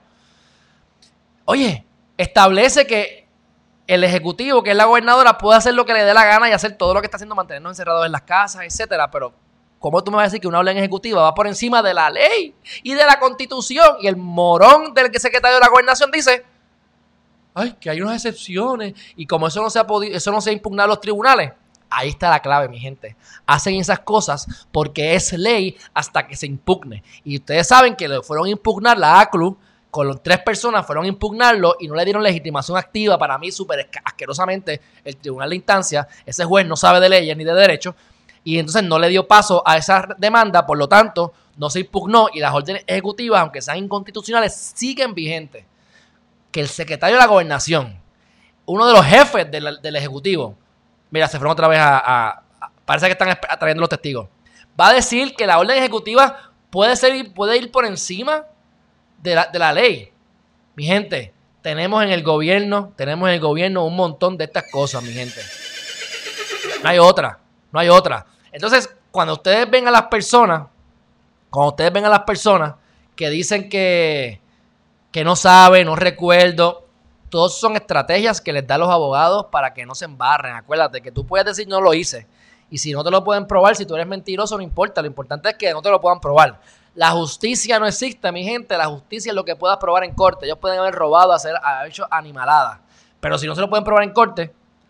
Oye, establece que el Ejecutivo, que es la gobernadora, puede hacer lo que le dé la gana y hacer todo lo que está haciendo, mantenernos encerrados en las casas, etcétera. Pero, ¿cómo tú me vas a decir que una orden ejecutiva va por encima de la ley y de la Constitución? Y el morón del secretario de la Gobernación dice... Ay, que hay unas excepciones y como eso no se ha podido, eso no se ha impugnado en los tribunales, ahí está la clave, mi gente. Hacen esas cosas porque es ley hasta que se impugne. Y ustedes saben que le fueron a impugnar la A C L U, con tres personas fueron a impugnarlo y no le dieron legitimación activa. Para mí, súper asquerosamente, el tribunal de instancia, ese juez no sabe de leyes ni de derecho, y entonces no le dio paso a esa demanda, por lo tanto, no se impugnó y las órdenes ejecutivas, aunque sean inconstitucionales, siguen vigentes. Que el secretario de la Gobernación, uno de los jefes del, del Ejecutivo, mira, se fueron otra vez a, a, a... Parece que están atrayendo los testigos. Va a decir que la orden ejecutiva puede, ser, puede ir por encima de la, de la ley. Mi gente, tenemos en el gobierno, tenemos en el gobierno un montón de estas cosas, mi gente. No hay otra, no hay otra. Entonces, cuando ustedes ven a las personas, cuando ustedes ven a las personas que dicen que... que no sabe, no recuerdo. Todos son estrategias que les dan los abogados para que no se embarren. Acuérdate que tú puedes decir no lo hice. Y si no te lo pueden probar, si tú eres mentiroso, no importa. Lo importante es que no te lo puedan probar. La justicia no existe, mi gente. La justicia es lo que puedas probar en corte. Ellos pueden haber robado, hacer, haber hecho animaladas. Pero si no se lo pueden probar en corte,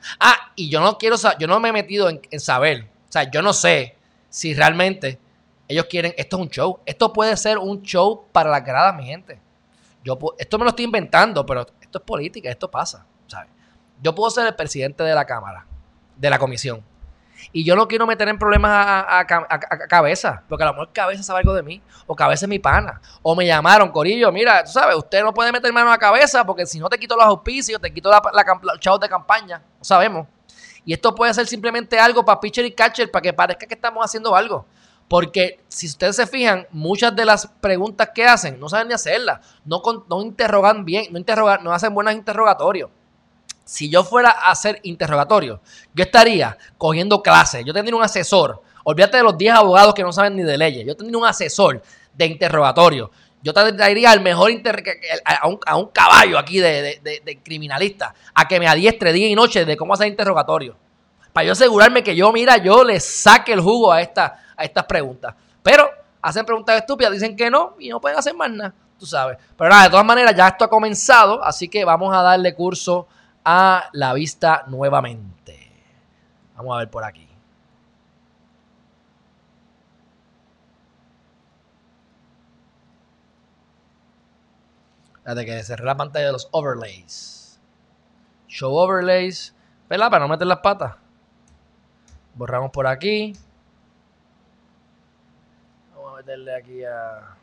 Ah, y yo no quiero saber, yo no me he metido en, en saber, o sea, yo no sé si realmente ellos quieren, esto es un show, esto puede ser un show para las gradas, mi gente. Yo, esto me lo estoy inventando, pero esto es política, esto pasa, ¿sabes? Yo puedo ser el presidente de la Cámara, de la comisión, y yo no quiero meter en problemas a, a, a, a, a Cabeza, porque a lo mejor Cabeza sabe algo de mí, o Cabeza es mi pana, o me llamaron, Corillo, mira, tú sabes, usted no puede meter mano a Cabeza, porque si no te quito los auspicios, te quito la, la, los chavos de campaña, no sabemos. Y esto puede ser simplemente algo para pitcher y catcher, para que parezca que estamos haciendo algo. Porque si ustedes se fijan, muchas de las preguntas que hacen no saben ni hacerlas, no, no interrogan bien, no, interrogan, no hacen buenos interrogatorios. Si yo fuera a hacer interrogatorios, yo estaría cogiendo clases, yo tendría un asesor, olvídate de los diez abogados que no saben ni de leyes, yo tendría un asesor de interrogatorio, yo traería al mejor inter a, un, a un caballo aquí de, de, de, de criminalista, a que me adiestre día y noche de cómo hacer interrogatorios, para yo asegurarme que yo, mira, yo le saque el jugo a, esta, a estas preguntas, pero hacen preguntas estúpidas, dicen que no y no pueden hacer más nada, tú sabes, pero nada, de todas maneras ya esto ha comenzado, así que vamos a darle curso a la vista nuevamente. Vamos a ver por aquí. Fíjate que cerré la pantalla de los overlays. Show overlays. ¿Verdad? Para no meter las patas. Borramos por aquí. Vamos a meterle aquí a...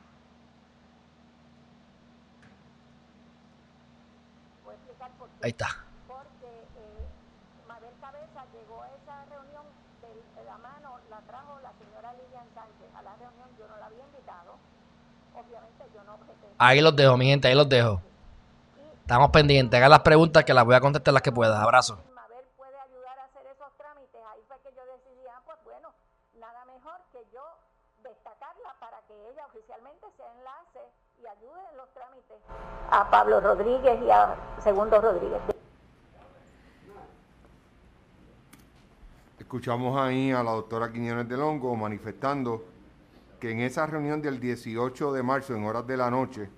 Ahí está. Porque eh, Mabel Cabeza llegó a esa reunión de, de la mano, la trajo la señora Lilian Sánchez. A la reunión yo no la había invitado. Obviamente yo no objeté. Ahí los dejo, mi gente, ahí los dejo. Estamos pendientes. Hagan las preguntas que las voy a contestar las que pueda. Abrazo. Mabel puede ayudar a hacer esos trámites. Ahí fue que yo decidí, ah, pues bueno, nada mejor que yo destacarla para que ella oficialmente sea enlace y ayude en los trámites a Pablo Rodríguez y a Segundo Rodríguez. Escuchamos ahí a la doctora Quiñones del Hongo manifestando que en esa reunión del dieciocho de marzo, en horas de la noche,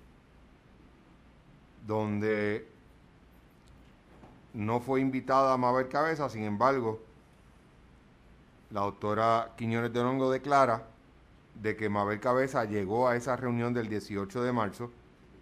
donde no fue invitada a Mabel Cabeza, sin embargo, la doctora Quiñones del Hongo declara de que Mabel Cabeza llegó a esa reunión del dieciocho de marzo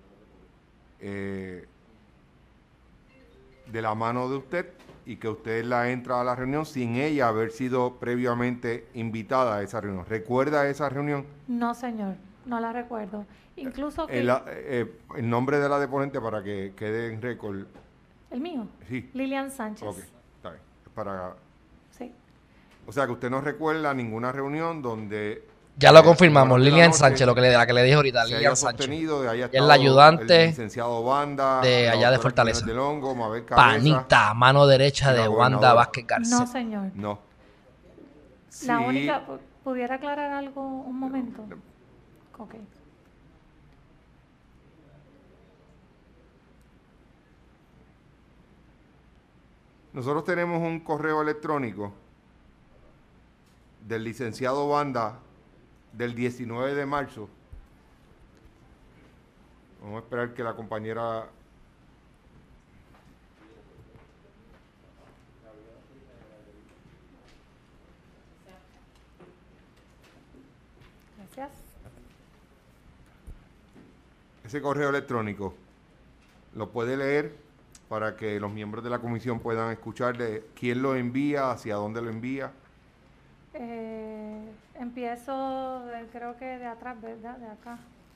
eh, de la mano de usted y que usted la entra a la reunión sin ella haber sido previamente invitada a esa reunión. ¿Recuerda esa reunión? No, señor, no la recuerdo. Incluso que... El, eh, el nombre de la deponente para que quede en récord. ¿El mío? Sí. Lilian Sánchez. Ok, está bien. Para... Sí. O sea que usted no recuerda ninguna reunión donde... Ya lo confirmamos, Lilian Sánchez, lo que le, la que le dije ahorita, Lilian Sánchez. Es el ayudante el licenciado Banda, de allá de Fortaleza. Del Hongo, Mabel Cabeza, Panita, mano derecha de Wanda Vázquez García. No, señor. No. La sí. única, ¿pudiera aclarar algo un momento? No. Ok. Nosotros tenemos un correo electrónico del licenciado Banda del diecinueve de marzo. Vamos a esperar que la compañera... Gracias. Ese correo electrónico lo puede leer para que los miembros de la comisión puedan escuchar de quién lo envía, hacia dónde lo envía. Eh, empiezo, de, creo que de atrás, ¿verdad? De acá.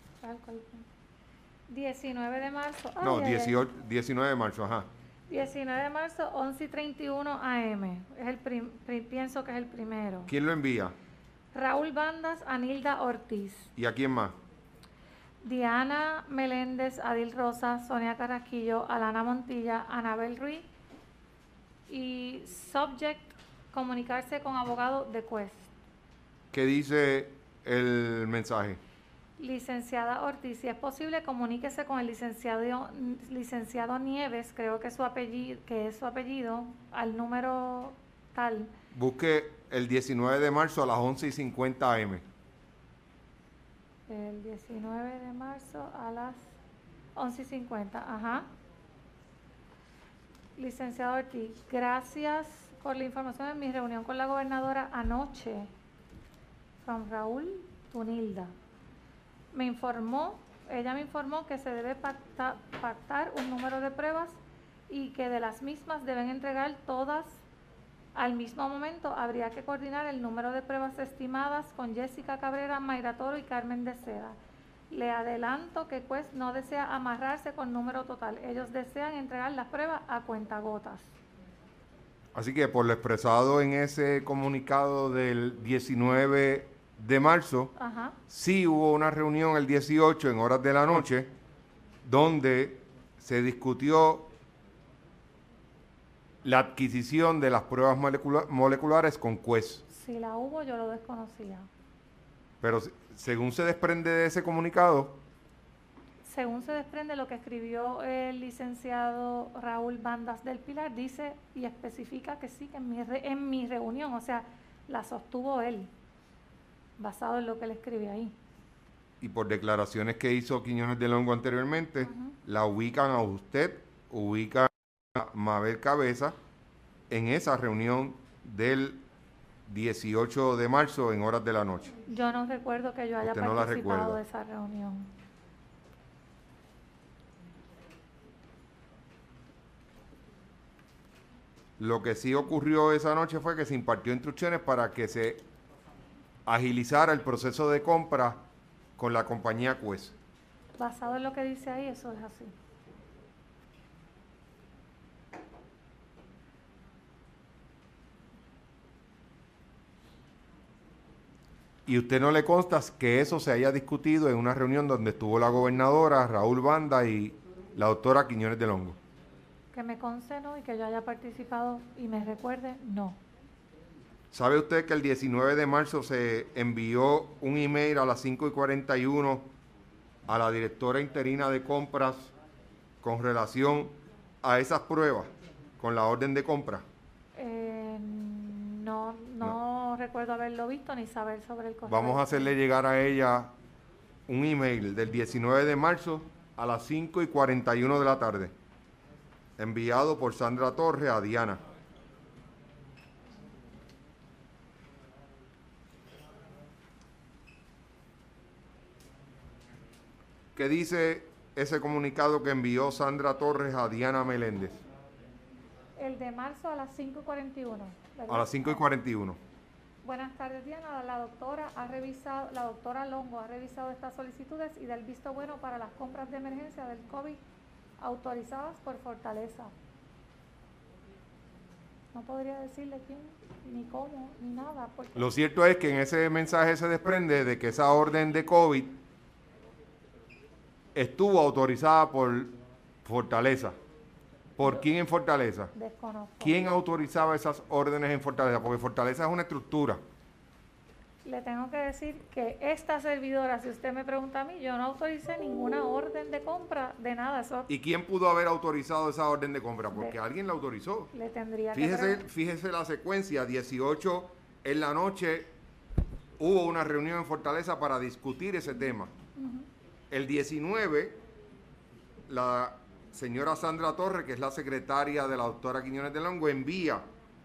diecinueve de marzo. Ay, No, ay, dieciocho, diecinueve de marzo, ajá. diecinueve de marzo, once y treinta y uno A M. Es el prim, prim, pienso que es el primero. ¿Quién lo envía? Raúl Bandas, Anilda Ortiz. ¿Y a quién más? Diana Meléndez, Adil Rosa, Sonia Carrasquillo, Alana Montilla, Anabel Ruiz y subject, comunicarse con abogado de Quest. ¿Qué dice el mensaje? Licenciada Ortiz, si es posible, comuníquese con el licenciado licenciado Nieves, creo que es su apellido, que es su apellido, al número tal. Busque el diecinueve de marzo a las once y cincuenta A M. El diecinueve de marzo a las once y cincuenta, ajá. Licenciado Ortiz, gracias por la información en mi reunión con la gobernadora anoche. From Raúl Tunilda. Me informó, ella me informó que se debe pacta, pactar un número de pruebas y que de las mismas deben entregar todas al mismo momento. Habría que coordinar el número de pruebas estimadas con Jessica Cabrera, Mayra Toro y Carmen de Seda. Le adelanto que pues no desea amarrarse con número total. Ellos desean entregar las pruebas a cuentagotas. Así que por lo expresado en ese comunicado del diecinueve de marzo, Ajá. sí hubo una reunión el dieciocho en horas de la noche donde se discutió la adquisición de las pruebas molecula- moleculares con Quest. Si la hubo, yo lo desconocía. Pero según se desprende de ese comunicado, según se desprende lo que escribió el licenciado Raúl Bandas del Pilar, dice y especifica que sí, que en mi, re, en mi reunión, o sea, la sostuvo él, basado en lo que él escribe ahí. Y por declaraciones que hizo Quiñones del Hongo anteriormente, uh-huh. la ubican a usted, ubican a Mabel Cabeza en esa reunión del dieciocho de marzo en horas de la noche. Yo no recuerdo que yo haya usted participado no de esa reunión. Lo que sí ocurrió esa noche fue que se impartió instrucciones para que se agilizara el proceso de compra con la compañía Quest. Basado en lo que dice ahí, eso es así. ¿Y usted no le consta que eso se haya discutido en una reunión donde estuvo la gobernadora, Raúl Banda y la doctora Quiñones del Hongo? Que me conste, no, y que yo haya participado y me recuerde, no. ¿Sabe usted que el diecinueve de marzo se envió un email a las cinco y cuarenta y uno a la directora interina de compras con relación a esas pruebas, con la orden de compra? Eh, no, no, no recuerdo haberlo visto ni saber sobre el correo. Vamos a hacerle llegar a ella un email del diecinueve de marzo a las cinco y cuarenta y uno de la tarde, enviado por Sandra Torres a Diana. ¿Qué dice ese comunicado que envió Sandra Torres a Diana Meléndez? El de marzo a las cinco y cuarenta y uno. A las cinco y cuarenta y uno. Buenas tardes, Diana. La doctora ha revisado, la doctora Longo ha revisado estas solicitudes y da el visto bueno para las compras de emergencia del COVID autorizadas por Fortaleza. No podría decirle quién, ni cómo, ni nada. Porque lo cierto es que en ese mensaje se desprende de que esa orden de COVID estuvo autorizada por Fortaleza. ¿Por quién en Fortaleza? Desconozco. ¿Quién autorizaba esas órdenes en Fortaleza? Porque Fortaleza es una estructura. Le tengo que decir que esta servidora, si usted me pregunta a mí, yo no autoricé ninguna orden de compra de nada. Eso ¿Y quién pudo haber autorizado esa orden de compra? Porque de, alguien la autorizó. Le tendría fíjese, que... Fíjese la secuencia, dieciocho en la noche hubo una reunión en Fortaleza para discutir ese tema. Uh-huh. El diecinueve, la señora Sandra Torres, que es la secretaria de la doctora Quiñones del Hongo, envía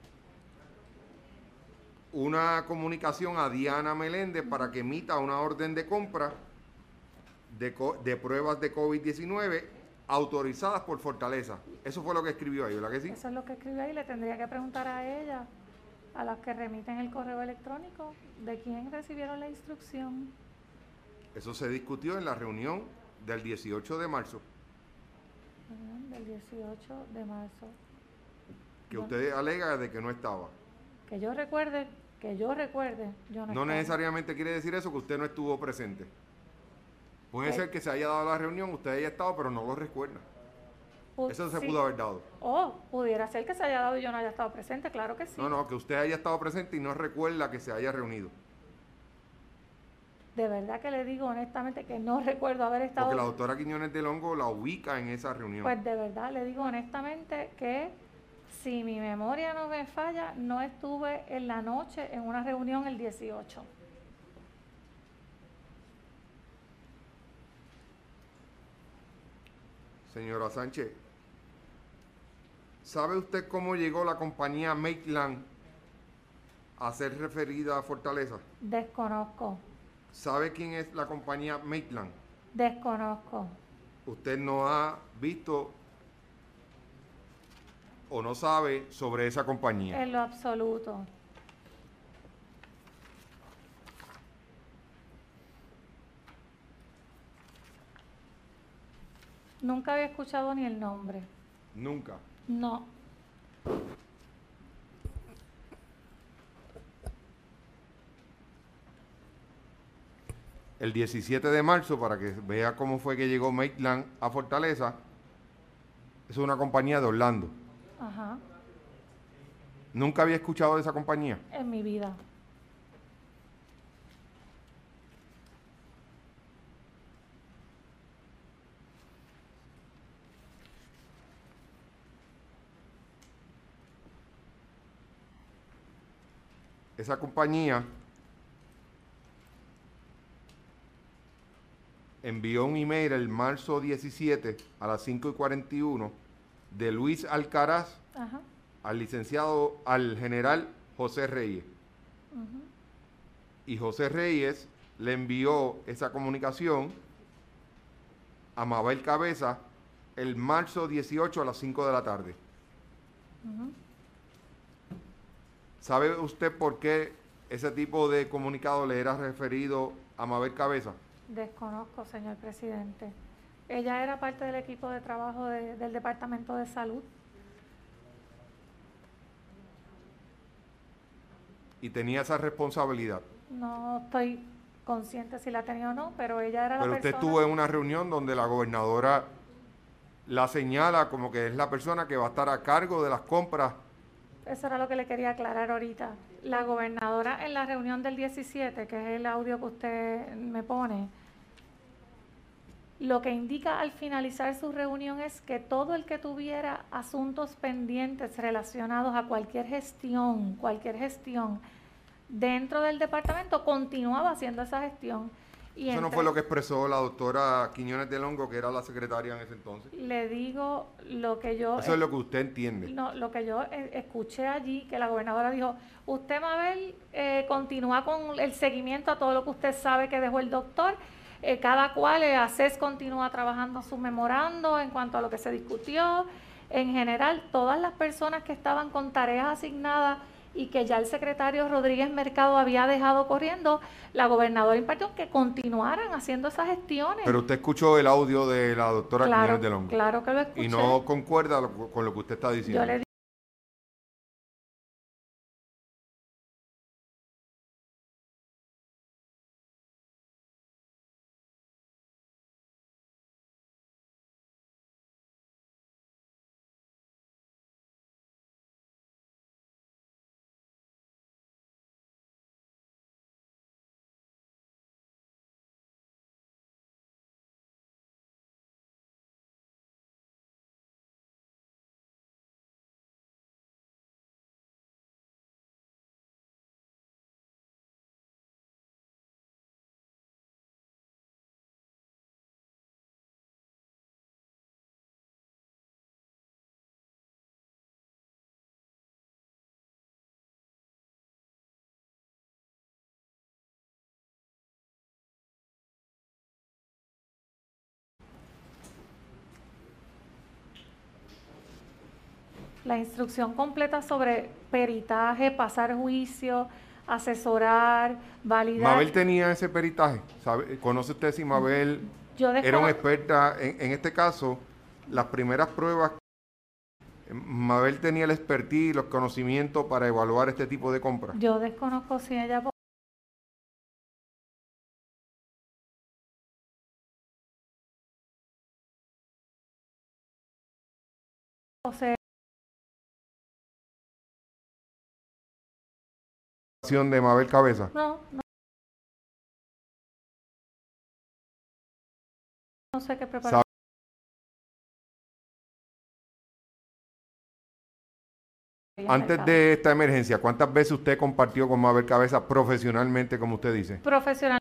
una comunicación a Diana Meléndez para que emita una orden de compra de, de pruebas de COVID diecinueve autorizadas por Fortaleza. Eso fue lo que escribió ahí, ¿verdad que sí? Eso es lo que escribió ahí. Le tendría que preguntar a ella, a las que remiten el correo electrónico, de quién recibieron la instrucción. Eso se discutió en la reunión del dieciocho de marzo. Del dieciocho de marzo. Que no. Usted alega de que no estaba. Que yo recuerde, que yo recuerde, yo no No estaba. Necesariamente quiere decir eso que usted no estuvo presente. Puede ¿Qué? ser que se haya dado la reunión, usted haya estado, pero no lo recuerda. P- eso se sí. pudo haber dado. Oh, pudiera ser que se haya dado y yo no haya estado presente, claro que sí. No, no, que usted haya estado presente y no recuerda que se haya reunido. De verdad que le digo honestamente que no recuerdo haber estado... Porque la doctora Quiñones del Hongo la ubica en esa reunión. Pues de verdad le digo honestamente que si mi memoria no me falla, no estuve en la noche en una reunión el dieciocho. Señora Sánchez, ¿Sabe usted cómo llegó la compañía Maitland a ser referida a Fortaleza? Desconozco. ¿Sabe quién es la compañía Maitland? Desconozco. Usted no ha visto o no sabe sobre esa compañía. En lo absoluto. Nunca había escuchado ni el nombre. Nunca. No. El diecisiete de marzo, para que vea cómo fue que llegó Maitland a Fortaleza, es una compañía de Orlando. Ajá. ¿Nunca había escuchado de esa compañía? En mi vida. Esa compañía envió un email el marzo diecisiete a las cinco y cuarenta y uno de Luis Alcaraz Ajá. al licenciado, al general José Reyes. Uh-huh. Y José Reyes le envió esa comunicación a Mabel Cabeza el marzo dieciocho a las cinco de la tarde. Uh-huh. ¿Sabe usted por qué ese tipo de comunicado le era referido a Mabel Cabeza? Desconozco, señor presidente. Ella era parte del equipo de trabajo de, del Departamento de Salud. Y tenía esa responsabilidad. No estoy consciente si la tenía o no, pero ella era la Pero persona... usted estuvo en una reunión donde la gobernadora la señala como que es la persona que va a estar a cargo de las compras. Eso era lo que le quería aclarar ahorita. La gobernadora en la reunión del diecisiete, que es el audio que usted me pone, lo que indica al finalizar su reunión es que todo el que tuviera asuntos pendientes relacionados a cualquier gestión, cualquier gestión dentro del departamento, continuaba haciendo esa gestión. Y Eso no entre, fue lo que expresó la doctora Quiñones del Hongo, que era la secretaria en ese entonces. Le digo lo que yo... Eso es lo que usted entiende. No, lo que yo eh, escuché allí, que la gobernadora dijo, usted, Mabel, eh, continúa con el seguimiento a todo lo que usted sabe que dejó el doctor, eh, cada cual, eh, ACES continúa trabajando su memorando en cuanto a lo que se discutió, en general, todas las personas que estaban con tareas asignadas y que ya el secretario Rodríguez Mercado había dejado corriendo, la gobernadora impartió que continuaran haciendo esas gestiones. Pero usted escuchó el audio de la doctora Claro, Quiñones del Hongo. Claro que lo escuché. Y no concuerda lo, con lo que usted está diciendo. Yo le La instrucción completa sobre peritaje, pasar juicio, asesorar, validar. Mabel tenía ese peritaje. ¿Sabe? ¿Conoce usted si Mabel Yo era una experta en, en este caso? Las primeras pruebas, Mabel tenía el expertise y los conocimientos para evaluar este tipo de compras. Yo desconozco si ella posee de Mabel Cabeza. No, no, no sé qué preparar. Antes de esta emergencia, ¿cuántas veces usted compartió con Mabel Cabeza profesionalmente, como usted dice? Profesional.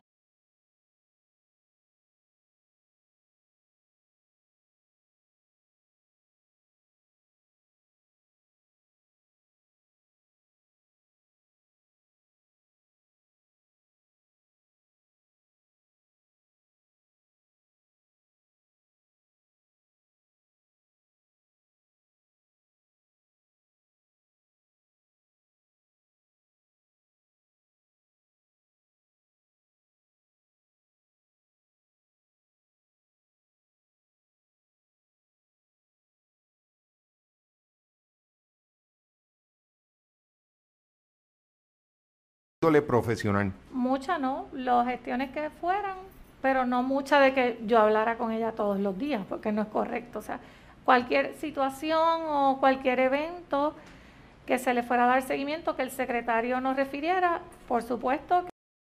profesional? Mucha no, las gestiones que fueran, pero no mucha de que yo hablara con ella todos los días, porque no es correcto. O sea, cualquier situación o cualquier evento que se le fuera a dar seguimiento, que el secretario nos refiriera, por supuesto.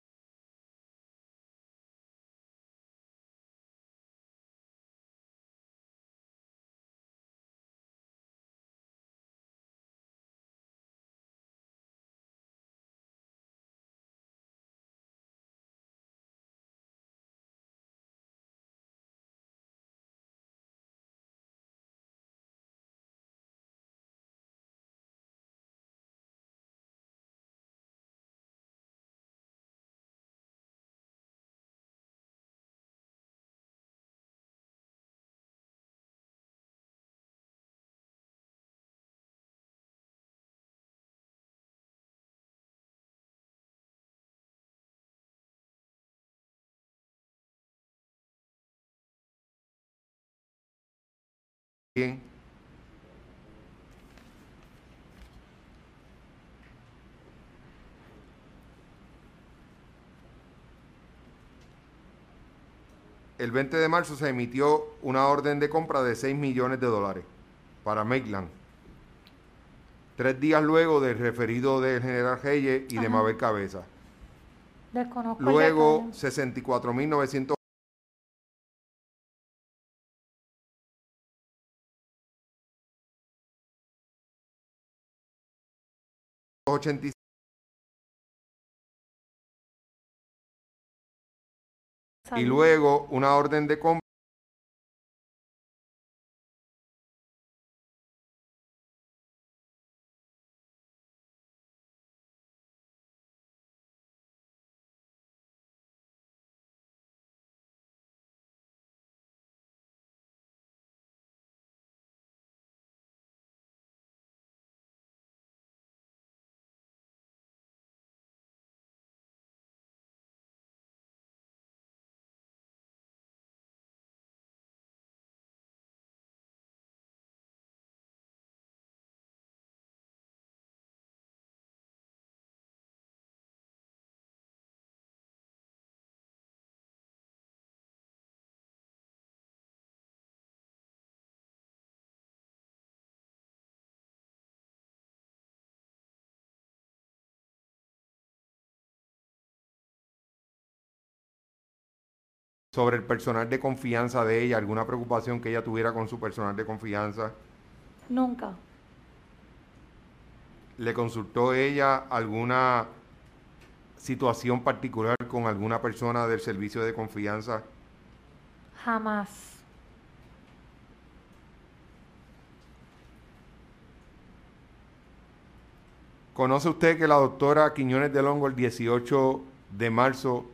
Bien. El veinte de marzo se emitió una orden de compra de seis millones de dólares para Maitland. Tres días luego del referido del general Reyes y de Ajá. Mabel Cabeza. Desconozco Luego, el sesenta y cuatro mil novecientos ochenta y seis y luego una orden de compra sobre el personal de confianza de ella, alguna preocupación que ella tuviera con su personal de confianza. Nunca. ¿Le consultó ella alguna situación particular con alguna persona del servicio de confianza? Jamás. ¿Conoce usted que la doctora Quiñones del Hongo el dieciocho de marzo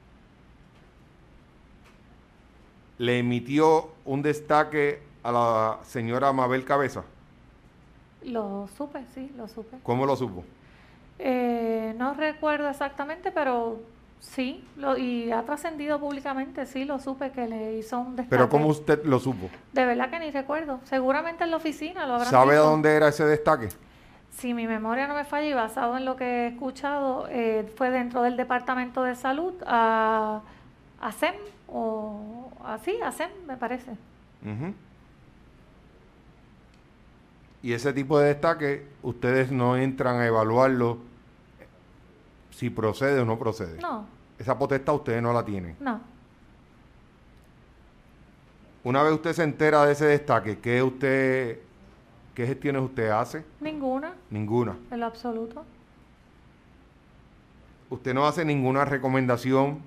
le emitió un destaque a la señora Mabel Cabeza? Lo supe, sí, lo supe. ¿Cómo lo supo? Eh, no recuerdo exactamente, pero sí, lo, y ha trascendido públicamente, sí, lo supe que le hizo un destaque. ¿Pero cómo usted lo supo? De verdad que ni recuerdo. Seguramente en la oficina lo habrán ¿Sabe dicho. a dónde era ese destaque? Si mi memoria no me falla y basado en lo que he escuchado, eh, fue dentro del Departamento de Salud a, a SEM, o así, a SEM, me parece. Uh-huh. Y ese tipo de destaque, ustedes no entran a evaluarlo si procede o no procede. No. Esa potestad ustedes no la tienen. No. Una vez usted se entera de ese destaque, ¿qué usted, qué gestiones usted hace? Ninguna. Ninguna. En lo absoluto. Usted no hace ninguna recomendación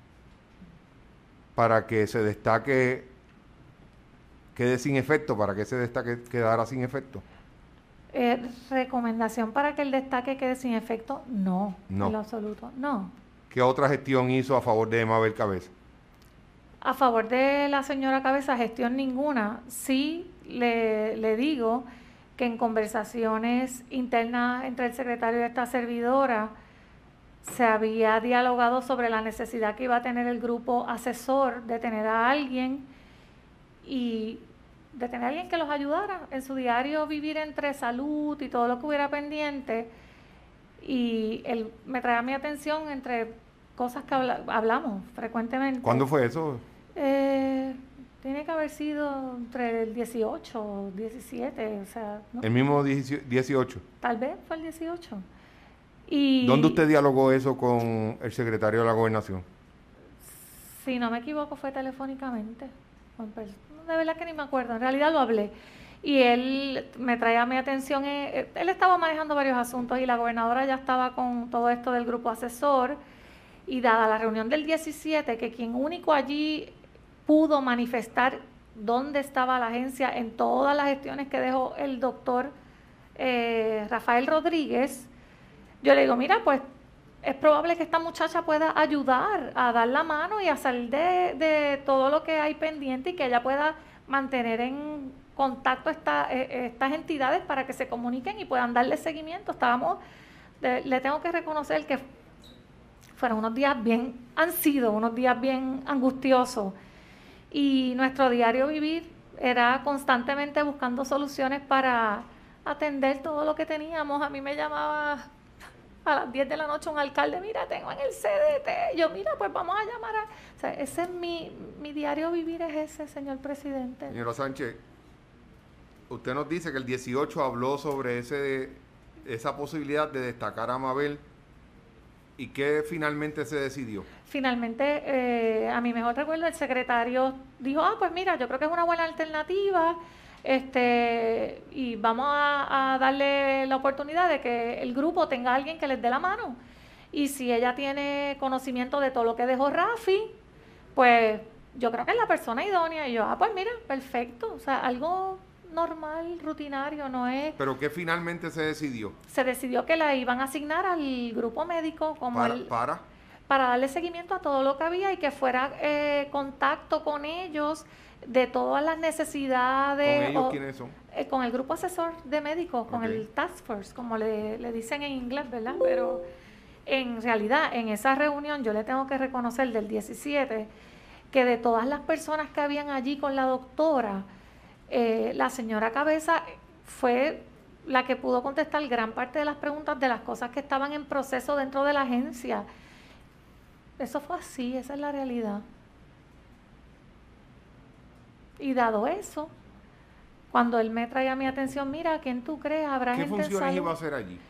para que ese destaque quede sin efecto, para que ese destaque quedara sin efecto. Eh, recomendación para que el destaque quede sin efecto, no, no, en lo absoluto, no. ¿Qué otra gestión hizo a favor de Mabel Cabeza? A favor de la señora Cabeza, gestión ninguna. Sí le, le digo que en conversaciones internas entre el secretario y esta servidora se había dialogado sobre la necesidad que iba a tener el grupo asesor de tener a alguien y de tener a alguien que los ayudara en su diario vivir entre salud y todo lo que hubiera pendiente, y él me traía mi atención entre cosas que habla, hablamos frecuentemente. ¿Cuándo fue eso? Eh, tiene que haber sido entre el dieciocho o diecisiete, o sea... ¿no? El mismo dieciocho. Tal vez fue el dieciocho. Y ¿Dónde usted dialogó eso con el secretario de la Gobernación? si no me equivoco fue telefónicamente. De verdad que ni me acuerdo, en realidad lo hablé. Y él me traía a mi atención, eh, él estaba manejando varios asuntos y la gobernadora ya estaba con todo esto del grupo asesor, y dada la reunión del diecisiete, que quien único allí pudo manifestar dónde estaba la agencia en todas las gestiones que dejó el doctor eh, Rafael Rodríguez, yo le digo, mira, pues es probable que esta muchacha pueda ayudar a dar la mano y a salir de, de todo lo que hay pendiente, y que ella pueda mantener en contacto esta, eh, estas entidades para que se comuniquen y puedan darle seguimiento. Estábamos, de, le tengo que reconocer que fueron unos días bien, han sido unos días bien angustiosos, y nuestro diario vivir era constantemente buscando soluciones para atender todo lo que teníamos. A mí me llamaba a las diez de la noche un alcalde, mira, tengo en el C D T, yo, mira, pues vamos a llamar a... O sea, ese es mi, mi diario vivir, es ese, señor presidente. Señora Sánchez, usted nos dice que el dieciocho habló sobre ese esa posibilidad de destacar a Mabel, ¿y qué finalmente se decidió? Finalmente, eh, a mi mejor recuerdo, el secretario dijo, ah, pues mira, yo creo que es una buena alternativa, este y vamos a, a darle la oportunidad de que el grupo tenga a alguien que les dé la mano. Y si ella tiene conocimiento de todo lo que dejó Rafi, pues yo creo que es la persona idónea. Y yo, ah, pues mira, perfecto. O sea, algo normal, rutinario, no es... ¿Pero qué finalmente se decidió? Se decidió que la iban a asignar al grupo médico como ¿Para? el, para? para darle seguimiento a todo lo que había, y que fuera eh, contacto con ellos de todas las necesidades. ¿Con ellos o, quiénes son? Eh, con el grupo asesor de médicos, con Okay. el Task Force, como le, le dicen en inglés, ¿verdad? Pero en realidad, en esa reunión, yo le tengo que reconocer del diecisiete, que de todas las personas que habían allí con la doctora, eh, la señora Cabeza fue la que pudo contestar gran parte de las preguntas de las cosas que estaban en proceso dentro de la agencia. Eso fue así, esa es la realidad. Y dado eso, cuando él me traía a mi atención, mira, ¿quién tú crees? ¿Habrá ¿Qué gente en funciones salud? iba a hacer allí?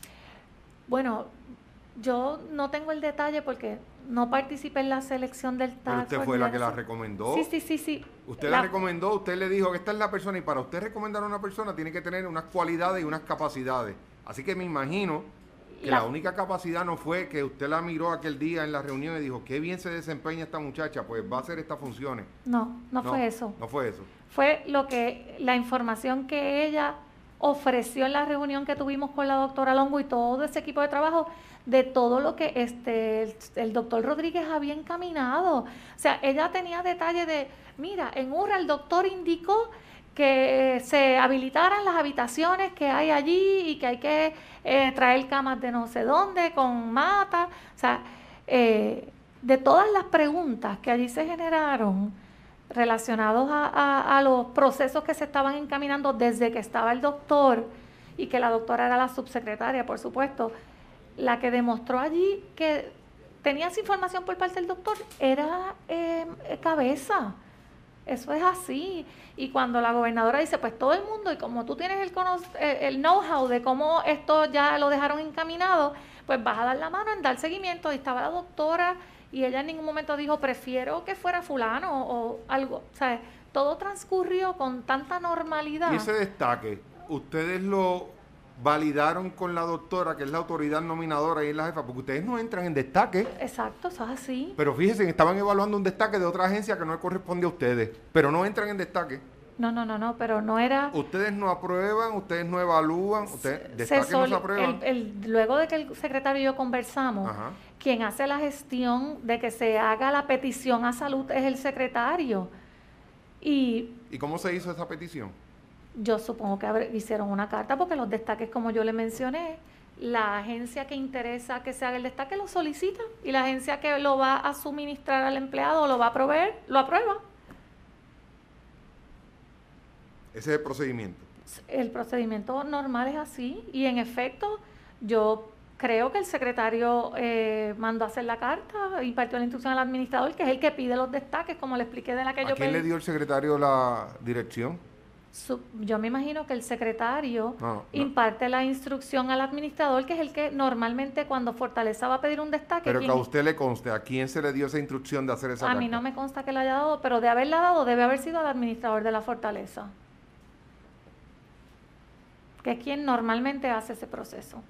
Bueno, yo no tengo el detalle porque no participé en la selección del Pero task usted force fue ni la de que la eso. recomendó. Sí, sí, sí, sí. Usted la, la recomendó, usted le dijo que esta es la persona, y para usted recomendar a una persona tiene que tener unas cualidades y unas capacidades. Así que me imagino que la, la única capacidad no fue que usted la miró aquel día en la reunión y dijo, qué bien se desempeña esta muchacha, pues va a hacer estas funciones. No, no, no fue eso. No fue eso. Fue lo que, la información que ella ofreció en la reunión que tuvimos con la doctora Longo y todo ese equipo de trabajo, de todo lo que este el, el doctor Rodríguez había encaminado. O sea, ella tenía detalle de, mira, en U R A el doctor indicó que se habilitaran las habitaciones que hay allí y que hay que eh, traer camas de no sé dónde con mata. O sea, eh, de todas las preguntas que allí se generaron relacionados a, a, a los procesos que se estaban encaminando desde que estaba el doctor, y que la doctora era la subsecretaria, por supuesto, la que demostró allí que tenía esa información por parte del doctor era eh, Cabeza. Eso es así. Y cuando la gobernadora dice, pues todo el mundo, y como tú tienes el, el know-how de cómo esto ya lo dejaron encaminado, pues vas a dar la mano en dar seguimiento. Y estaba la doctora, y ella en ningún momento dijo, prefiero que fuera fulano o algo. O sea, todo transcurrió con tanta normalidad. Y ese destaque, ¿ustedes lo validaron con la doctora, que es la autoridad nominadora y es la jefa? Porque ustedes no entran en destaque. Exacto, eso es así. Pero fíjense, estaban evaluando un destaque de otra agencia que no le corresponde a ustedes, pero no entran en destaque. No, no, no, no, pero no era... Ustedes no aprueban, ustedes no evalúan, ustedes destaque se sol, no se aprueban. El, el, luego de que el secretario y yo conversamos, Ajá. quien hace la gestión de que se haga la petición a salud es el secretario. ¿Y, ¿Y cómo se hizo esa petición? Yo supongo que hicieron una carta, porque los destaques, como yo le mencioné, la agencia que interesa que se haga el destaque lo solicita, y la agencia que lo va a suministrar al empleado, lo va a proveer, lo aprueba. Ese es el procedimiento. El procedimiento normal es así, y en efecto, yo creo que el secretario eh, mandó a hacer la carta, impartió la instrucción al administrador, que es el que pide los destaques, como le expliqué de la que ¿A yo quién pedí. le dio el secretario la dirección? Su, yo me imagino que el secretario No, no. imparte la instrucción al administrador, que es el que normalmente cuando Fortaleza va a pedir un destaque... Pero que a ¿quién? usted le conste, ¿a quién se le dio esa instrucción de hacer esa A carta? mí no me consta que la haya dado, pero de haberla dado debe haber sido al administrador de la Fortaleza, que es quien normalmente hace ese proceso.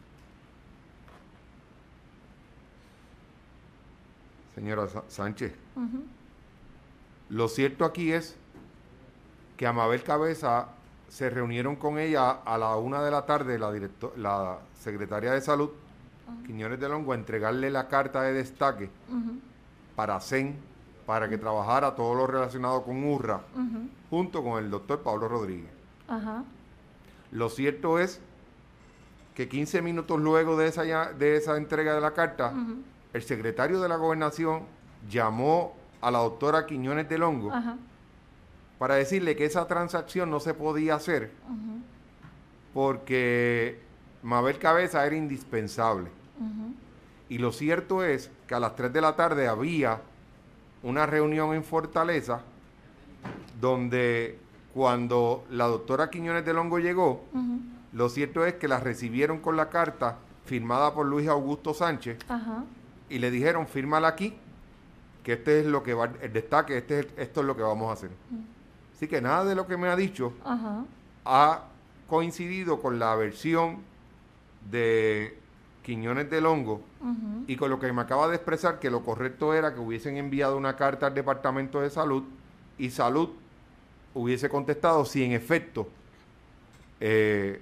Señora Sa- Sánchez, Uh-huh. lo cierto aquí es que a Mabel Cabeza se reunieron con ella a la una de la tarde, la, directo, la secretaria de Salud, uh-huh. Quiñones de Longo, a entregarle la carta de destaque uh-huh. para C E N, para uh-huh. que trabajara todo lo relacionado con U R R A, uh-huh. junto con el doctor Pablo Rodríguez. Uh-huh. Lo cierto es que quince minutos luego de esa, de esa entrega de la carta, uh-huh. el secretario de la Gobernación llamó a la doctora Quiñones de Longo uh-huh. para decirle que esa transacción no se podía hacer uh-huh. porque Mabel Cabeza era indispensable. Uh-huh. Y lo cierto es que a las tres de la tarde había una reunión en Fortaleza donde cuando la doctora Quiñones de Longo llegó, uh-huh. lo cierto es que la recibieron con la carta firmada por Luis Augusto Sánchez uh-huh. y le dijeron, fírmala aquí, que este es lo que va, el destaque, este es, esto es lo que vamos a hacer. Uh-huh. Así que nada de lo que me ha dicho uh-huh. ha coincidido con la versión de Quiñones de Longo uh-huh. y con lo que me acaba de expresar, que lo correcto era que hubiesen enviado una carta al Departamento de Salud y Salud hubiese contestado si en efecto eh,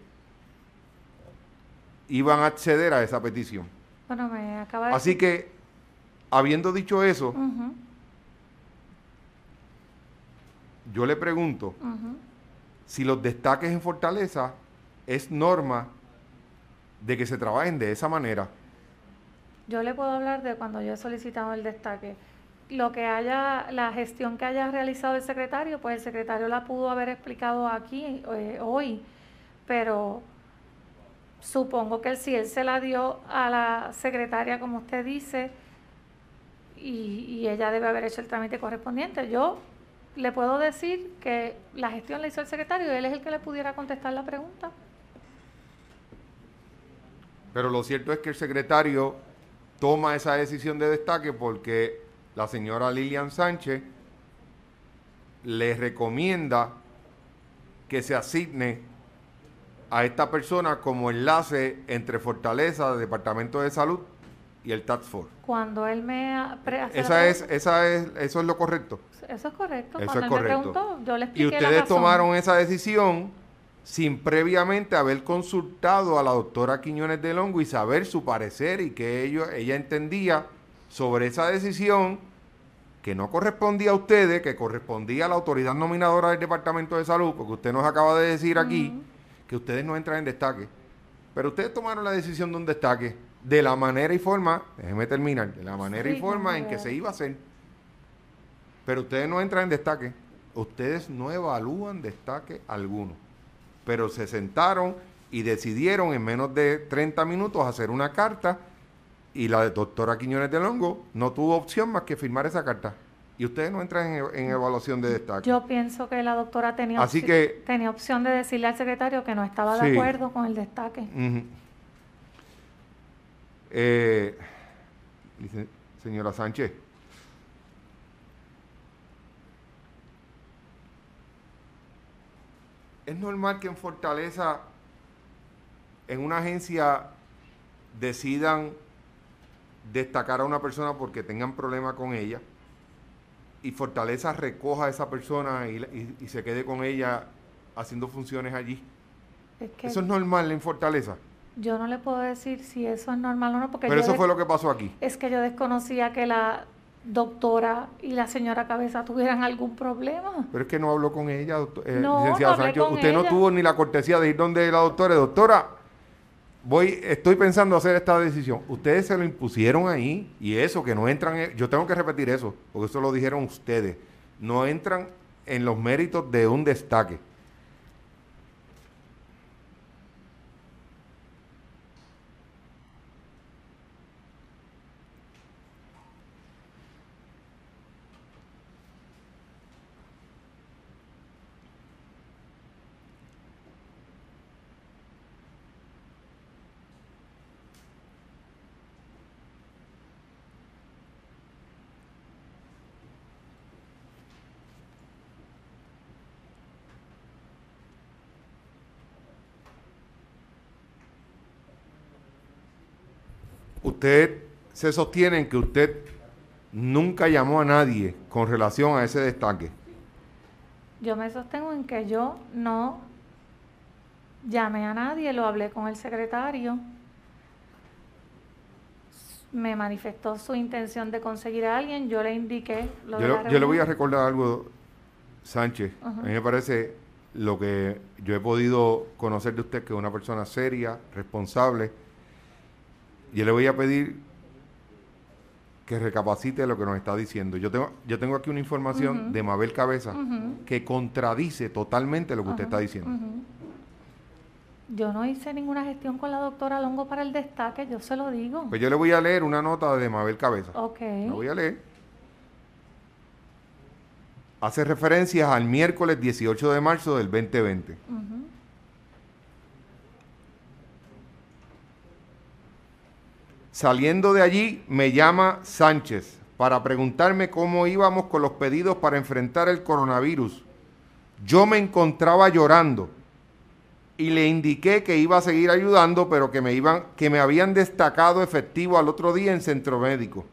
iban a acceder a esa petición. Bueno, me acaba de Así decir... que, habiendo dicho eso, uh-huh. yo le pregunto uh-huh. si los destaques en Fortaleza es norma de que se trabajen de esa manera. Yo le puedo hablar de cuando yo he solicitado el destaque. Lo que haya, la gestión que haya realizado el secretario, pues el secretario la pudo haber explicado aquí eh, hoy, pero supongo que si él se la dio a la secretaria, como usted dice, y, y ella debe haber hecho el trámite correspondiente. Yo le puedo decir que la gestión la hizo el secretario y él es el que le pudiera contestar la pregunta. Pero lo cierto es que el secretario toma esa decisión de destaque porque la señora Lilian Sánchez le recomienda que se asigne a esta persona como enlace entre Fortaleza, Departamento de Salud y el Task Force. Cuando él me pre- hace esa es, esa es, eso es lo correcto. Eso es correcto. Eso Cuando es él correcto. me preguntó, yo le expliqué Y ustedes la razón. tomaron esa decisión sin previamente haber consultado a la doctora Quiñones de Longo y saber su parecer y que ellos, ella entendía sobre esa decisión que no correspondía a ustedes, que correspondía a la autoridad nominadora del Departamento de Salud, porque usted nos acaba de decir aquí uh-huh. que ustedes no entran en destaque. Pero ustedes tomaron la decisión de un destaque de la manera y forma, déjeme terminar, de la manera sí, y forma no en que se iba a hacer. Pero ustedes no entran en destaque. Ustedes no evalúan destaque alguno. Pero se sentaron y decidieron en menos de treinta minutos hacer una carta y la doctora Quiñones de Longo no tuvo opción más que firmar esa carta. Y ustedes no entran en, en evaluación de destaque. Yo pienso que la doctora tenía, Así opci- que, tenía opción de decirle al secretario que no estaba de sí. acuerdo con el destaque. Uh-huh. eh, dice, señora Sánchez, es normal que en Fortaleza, en una agencia, decidan destacar a una persona porque tengan problema con ella y Fortaleza recoja a esa persona y, y, y se quede con ella haciendo funciones allí. Es que ¿eso es normal en Fortaleza? Yo no le puedo decir si eso es normal o no, porque pero yo eso de- fue lo que pasó aquí. Es que yo desconocía que la doctora y la señora Cabeza tuvieran algún problema. Pero es que no habló con ella, doctor, eh, No, licenciada no hablé Sánchez. con Usted ella. no tuvo ni la cortesía de ir donde la doctora. Doctora, voy, estoy pensando hacer esta decisión. Ustedes se lo impusieron ahí y eso, que no entran, en, yo tengo que repetir eso, porque eso lo dijeron ustedes. No entran en los méritos de un destaque. Usted se sostiene en que usted nunca llamó a nadie con relación a ese destaque. Yo me sostengo en que yo no llamé a nadie, lo hablé con el secretario, me manifestó su intención de conseguir a alguien, yo le indiqué lo yo, de lo, la reunión. Yo le voy a recordar algo, Sánchez. Uh-huh. A mí me parece lo que yo he podido conocer de usted, que es una persona seria, responsable. Yo le voy a pedir que recapacite lo que nos está diciendo. Yo tengo, yo tengo aquí una información uh-huh. de Mabel Cabeza uh-huh. que contradice totalmente lo que uh-huh. usted está diciendo. Uh-huh. Yo no hice ninguna gestión con la doctora Longo para el destaque, yo se lo digo. Pues yo le voy a leer una nota de Mabel Cabeza. Ok. La voy a leer. Hace referencias al miércoles dieciocho de marzo del veinte veinte. Uh-huh. Saliendo de allí, me llama Sánchez para preguntarme cómo íbamos con los pedidos para enfrentar el coronavirus. Yo me encontraba llorando y le indiqué que iba a seguir ayudando, pero que me iban, que me habían destacado efectivo al otro día en centro médico.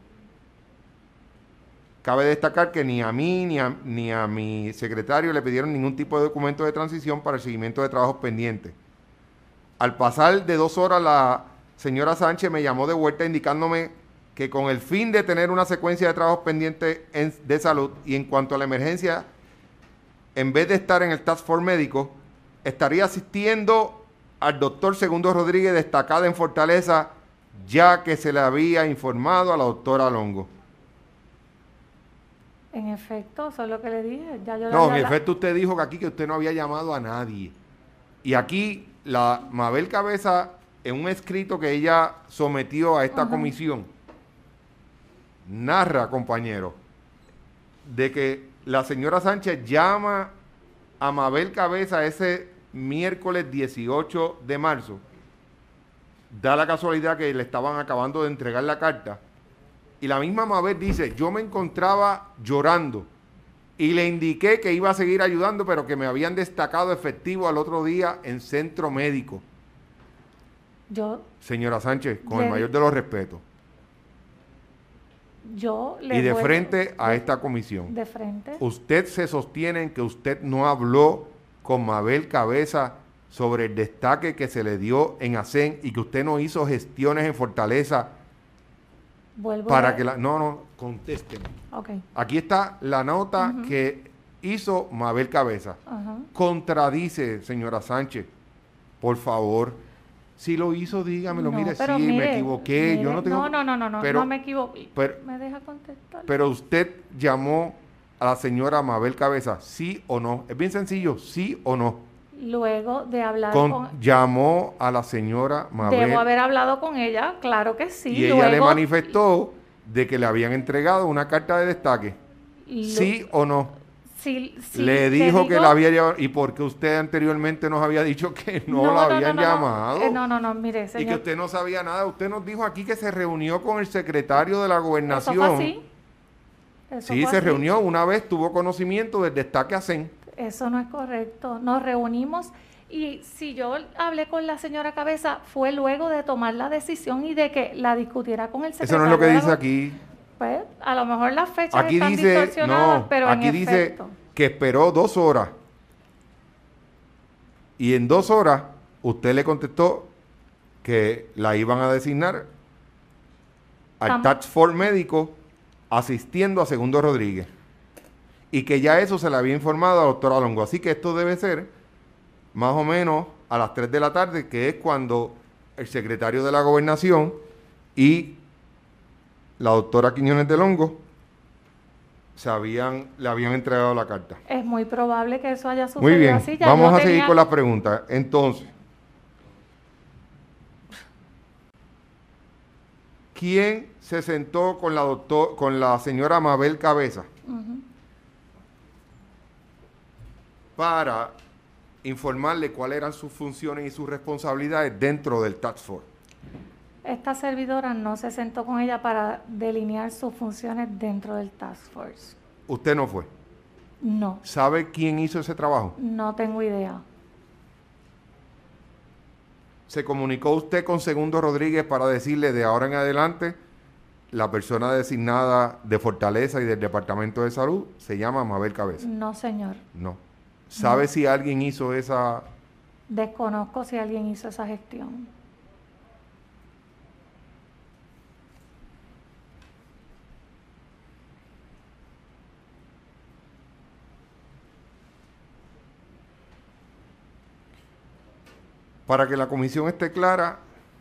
Cabe destacar que ni a mí ni a, ni a mi secretario le pidieron ningún tipo de documento de transición para el seguimiento de trabajos pendientes. Al pasar de dos horas, la señora Sánchez me llamó de vuelta indicándome que con el fin de tener una secuencia de trabajos pendientes en, de salud y en cuanto a la emergencia, en vez de estar en el Task Force médico, estaría asistiendo al doctor Segundo Rodríguez, destacada en Fortaleza, ya que se le había informado a la doctora Longo. En efecto, eso es lo que le dije. Ya yo no, ya en la... efecto usted dijo que aquí que usted no había llamado a nadie. Y aquí la Mabel Cabeza, en un escrito que ella sometió a esta uh-huh. comisión, narra, compañero, de que la señora Sánchez llama a Mabel Cabeza ese miércoles dieciocho de marzo. Da la casualidad que le estaban acabando de entregar la carta. Y la misma Mabel dice, yo me encontraba llorando y le indiqué que iba a seguir ayudando, pero que me habían destacado efectivo al otro día en centro médico. Yo, señora Sánchez, con le, el mayor de los respetos. Yo le y de vuelvo, frente a de, esta comisión. De frente. Usted se sostiene en que usted no habló con Mabel Cabeza sobre el destaque que se le dio en ASEN y que usted no hizo gestiones en Fortaleza. Vuelvo para a... que la... No, no, contésteme. Okay. Aquí está la nota uh-huh. que hizo Mabel Cabeza. Uh-huh. Contradice, señora Sánchez, por favor. Si lo hizo, dígamelo. No, mire, sí, mire, me equivoqué. Mire, Yo no tengo... No, no, no, no, no, pero, no me equivoqué. Pero, ¿Me deja contestar? Pero usted llamó a la señora Mabel Cabeza, ¿sí o no? Es bien sencillo, ¿sí o no? Luego de hablar con, con... Llamó a la señora Mabel. Debo haber hablado con ella, claro que sí. Y Luego, ella le manifestó de que le habían entregado una carta de destaque. Lo, ¿Sí o no? Sí, sí. Le dijo digo, que la había llevado. ¿Y por qué usted anteriormente nos había dicho que no, no la no, habían no, no, llamado? No, eh, no, no, no, mire, señor. Y que usted no sabía nada. Usted nos dijo aquí que se reunió con el secretario de la Gobernación. ¿Eso fue así? ¿Eso sí, fue se así? reunió. Una vez tuvo conocimiento del destaque ASEN. Eso no es correcto. Nos reunimos y si yo hablé con la señora Cabeza fue luego de tomar la decisión y de que la discutiera con el secretario. Eso no es lo que dice aquí. Pues a lo mejor las fechas aquí están dice, distorsionadas, no, pero aquí en dice efecto. que esperó dos horas y en dos horas usted le contestó que la iban a designar al Task Force médico asistiendo a Segundo Rodríguez y que ya eso se le había informado a la doctora Longo. Así que esto debe ser más o menos a las tres de la tarde, que es cuando el secretario de la Gobernación y la doctora Quiñones de Longo se habían, le habían entregado la carta. Es muy probable que eso haya sucedido. Muy bien, así. Ya vamos a tenía... seguir con las preguntas. Entonces, ¿quién se sentó con la doctor, con la señora Mabel Cabeza uh-huh. para informarle cuáles eran sus funciones y sus responsabilidades dentro del Task Force? Esta servidora no se sentó con ella para delinear sus funciones dentro del Task Force. ¿Usted no fue? No. ¿Sabe quién hizo ese trabajo? No tengo idea. ¿Se comunicó usted con Segundo Rodríguez para decirle de ahora en adelante la persona designada de Fortaleza y del Departamento de Salud se llama Mabel Cabeza? No, señor. No. ¿Sabe No. si alguien hizo esa...? Desconozco si alguien hizo esa gestión. Para que la comisión esté clara,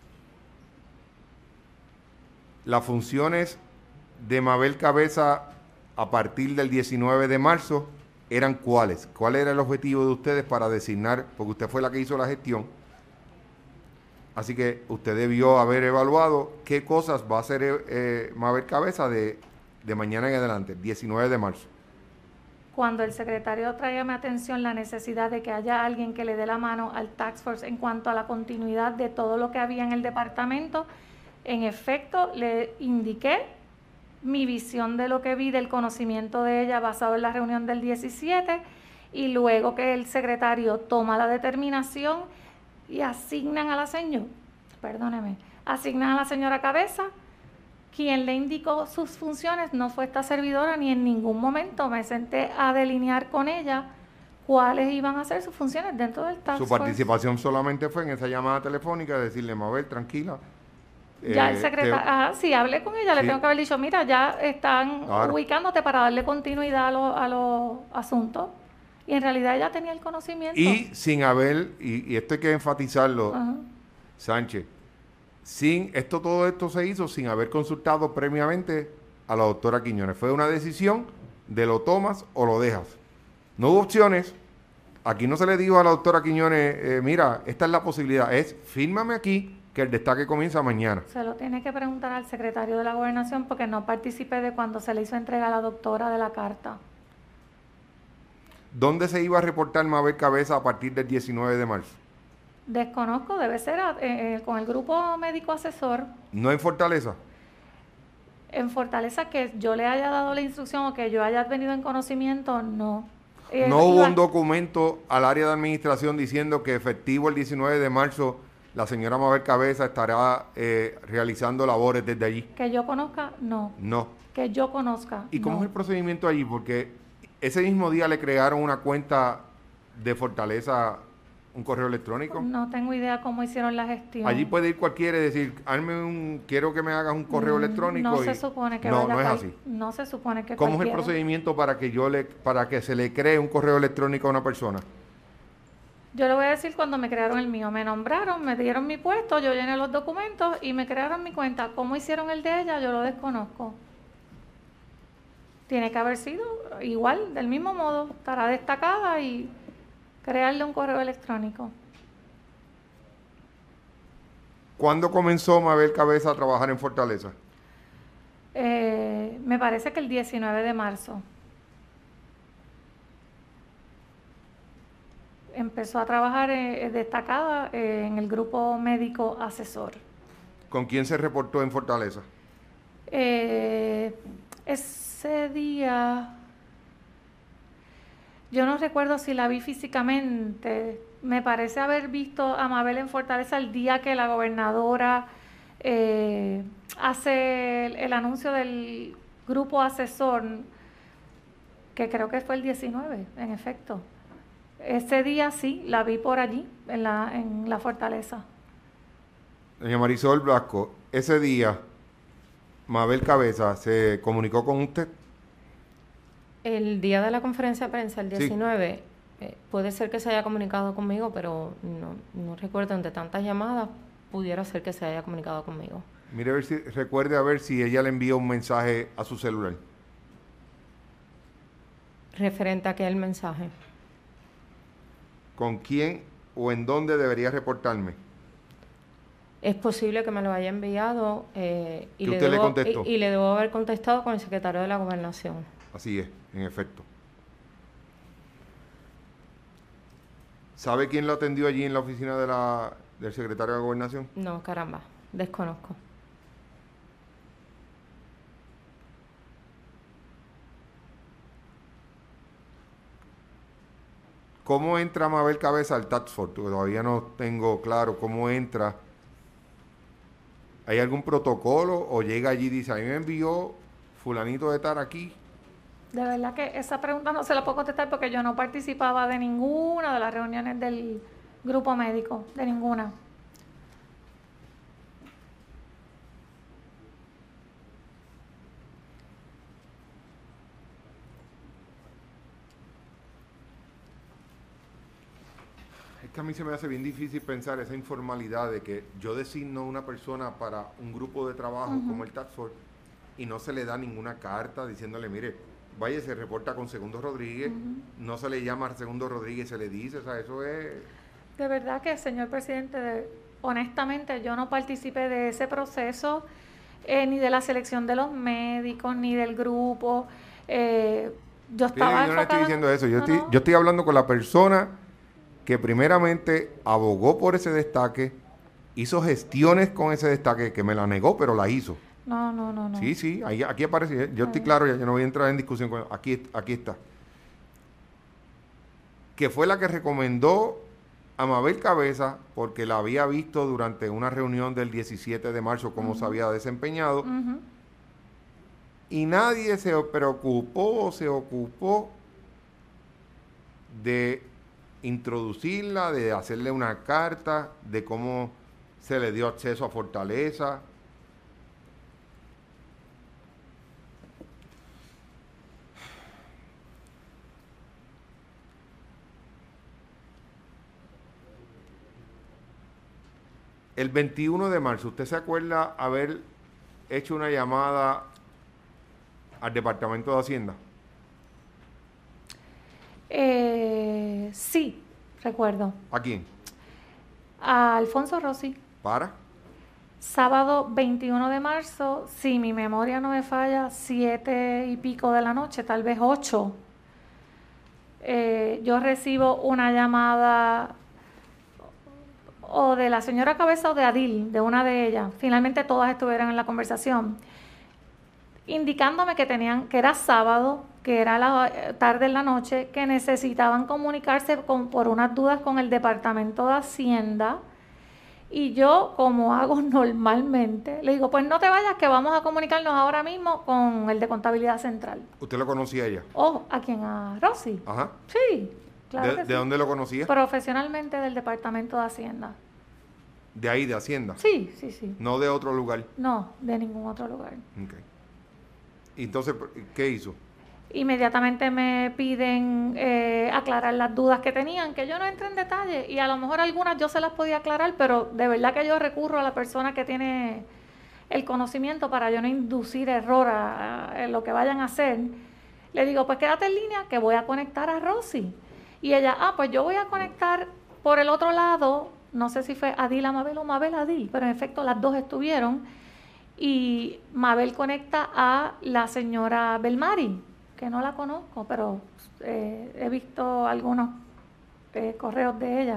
las funciones de Mabel Cabeza a partir del diecinueve de marzo eran cuáles. ¿Cuál era el objetivo de ustedes para designar? Porque usted fue la que hizo la gestión. Así que usted debió haber evaluado qué cosas va a hacer eh, Mabel Cabeza de, de mañana en adelante, diecinueve de marzo. Cuando el secretario trae a mi atención la necesidad de que haya alguien que le dé la mano al Task Force en cuanto a la continuidad de todo lo que había en el departamento, en efecto le indiqué mi visión de lo que vi, del conocimiento de ella basado en la reunión del diecisiete, y luego que el secretario toma la determinación y asignan a la señora, perdóneme, asignan a la señora Cabeza. Quien le indicó sus funciones no fue esta servidora, ni en ningún momento me senté a delinear con ella cuáles iban a ser sus funciones dentro del Task Su Force. participación solamente fue en esa llamada telefónica, decirle, Mabel, tranquila. Ya eh, el secretario, te... ajá, sí, hablé con ella, sí. le tengo que haber dicho, mira, ya están Claro. ubicándote para darle continuidad a, lo, a los asuntos. Y en realidad ella tenía el conocimiento. Y sin haber, y, y esto hay que enfatizarlo, Ajá. Sánchez, sin esto, todo esto se hizo sin haber consultado previamente a la doctora Quiñones. Fue una decisión de lo tomas o lo dejas. No hubo opciones. Aquí no se le dijo a la doctora Quiñones, eh, mira, esta es la posibilidad, es fírmame aquí que el destaque comienza mañana. Se lo tiene que preguntar al secretario de la Gobernación porque no participé de cuando se le hizo entrega a la doctora de la carta. ¿Dónde se iba a reportar Mabel Cabeza a partir del diecinueve de marzo? Desconozco, debe ser eh, eh, con el grupo médico asesor. ¿No en Fortaleza? En Fortaleza, que yo le haya dado la instrucción o que yo haya tenido en conocimiento, no. Eh, ¿No hubo iba- un documento al área de administración diciendo que efectivo el diecinueve de marzo la señora Mabel Cabeza estará eh, realizando labores desde allí? Que yo conozca, no. No. Que yo conozca, ¿Y cómo no. es el procedimiento allí? Porque ese mismo día le crearon una cuenta de Fortaleza, un correo electrónico. No tengo idea cómo hicieron la gestión. Allí puede ir cualquiera y decir, hazme un, quiero que me hagas un correo Mm, electrónico. No y... se supone que no, vaya no es cual- así. No se supone que ¿Cómo es el cualquiera. procedimiento para que yo le, para que se le cree un correo electrónico a una persona? Yo le voy a decir cuando me crearon el mío. Me nombraron, me dieron mi puesto, yo llené los documentos y me crearon mi cuenta. ¿Cómo hicieron el de ella? Yo lo desconozco. Tiene que haber sido igual, del mismo modo. Estará destacada y crearle un correo electrónico. ¿Cuándo comenzó Mabel Cabeza a trabajar en Fortaleza? Eh, me parece que el diecinueve de marzo. Empezó a trabajar eh, destacada eh, en el grupo médico asesor. ¿Con quién se reportó en Fortaleza? Eh, ese día, yo no recuerdo si la vi físicamente. Me parece haber visto a Mabel en Fortaleza el día que la gobernadora eh, hace el, el anuncio del grupo asesor, que creo que fue el diecinueve, en efecto. Ese día sí, la vi por allí, en la, en la Fortaleza. Doña Marisol Blasco, ese día Mabel Cabeza se comunicó con usted. El día de la conferencia de prensa, el Sí. diecinueve, eh, puede ser que se haya comunicado conmigo, pero no, no recuerdo, entre tantas llamadas, pudiera ser que se haya comunicado conmigo. Mire, a ver si, recuerde a ver si ella le envió un mensaje a su celular. Referente a aquel mensaje. ¿Con quién o en dónde debería reportarme? Es posible que me lo haya enviado eh, y, ¿Que le usted le debo, contestó? y, y le debo haber contestado con el secretario de la Gobernación. Así es, en efecto. ¿Sabe quién lo atendió allí en la oficina de la, del secretario de Gobernación? No, caramba, desconozco. ¿Cómo entra Mabel Cabeza al Task Force? Todavía no tengo claro cómo entra. ¿Hay algún protocolo o llega allí y dice, a mí me envió fulanito de estar aquí? De verdad que esa pregunta no se la puedo contestar porque yo no participaba de ninguna de las reuniones del grupo médico, de ninguna. Es que a mí se me hace bien difícil pensar esa informalidad de que yo designo una persona para un grupo de trabajo uh-huh. como el Task Force y no se le da ninguna carta diciéndole, mire, vaya, se reporta con Segundo Rodríguez, uh-huh. no se le llama a Segundo Rodríguez, se le dice, o sea, eso es... De verdad que, señor presidente, de, honestamente yo no participé de ese proceso, eh, ni de la selección de los médicos, ni del grupo. Eh, yo estaba Pero yo no estoy diciendo eso, yo, no, estoy, no. yo estoy hablando con la persona que primeramente abogó por ese destaque, hizo gestiones con ese destaque, que me la negó, pero la hizo. No, no, no, no. Sí, sí, ahí, aquí aparece, yo estoy claro, ya, yo no voy a entrar en discusión con aquí, aquí está. Que fue la que recomendó a Mabel Cabeza, porque la había visto durante una reunión del diecisiete de marzo, cómo uh-huh. se había desempeñado, uh-huh. y nadie se preocupó, se ocupó de introducirla, de hacerle una carta, de cómo se le dio acceso a Fortaleza. El veintiuno de marzo, ¿usted se acuerda haber hecho una llamada al Departamento de Hacienda? Eh, sí, recuerdo. ¿A quién? A Alfonso Rossi. ¿Para? Sábado veintiuno de marzo, si mi memoria no me falla, siete y pico de la noche, tal vez ocho. Eh, yo recibo una llamada o de la señora Cabeza o de Adil, de una de ellas. Finalmente todas estuvieron en la conversación, indicándome que tenían, que era sábado, que era la tarde en la noche, que necesitaban comunicarse con, por unas dudas con el Departamento de Hacienda. Y yo, como hago normalmente, le digo, pues no te vayas, que vamos a comunicarnos ahora mismo con el de Contabilidad Central. ¿Usted lo conocía a ella? Oh, ¿a quién? ¿A Rosy? Ajá. Sí, claro ¿De, que ¿de sí. dónde lo conocía? Profesionalmente del Departamento de Hacienda. ¿De ahí, de Hacienda? Sí, sí, sí. ¿No de otro lugar? No, de ningún otro lugar. Ok. Entonces, ¿qué hizo? Inmediatamente me piden eh, aclarar las dudas que tenían, que yo no entré en detalle, y a lo mejor algunas yo se las podía aclarar, pero de verdad que yo recurro a la persona que tiene el conocimiento para yo no inducir error a, a, en lo que vayan a hacer. Le digo, pues quédate en línea que voy a conectar a Rosy. Y ella, ah, pues yo voy a conectar por el otro lado, no sé si fue Adil a Mabel o Mabel a Adil, pero en efecto las dos estuvieron, y Mabel conecta a la señora Belmari, que no la conozco, pero eh, he visto algunos eh, correos de ella,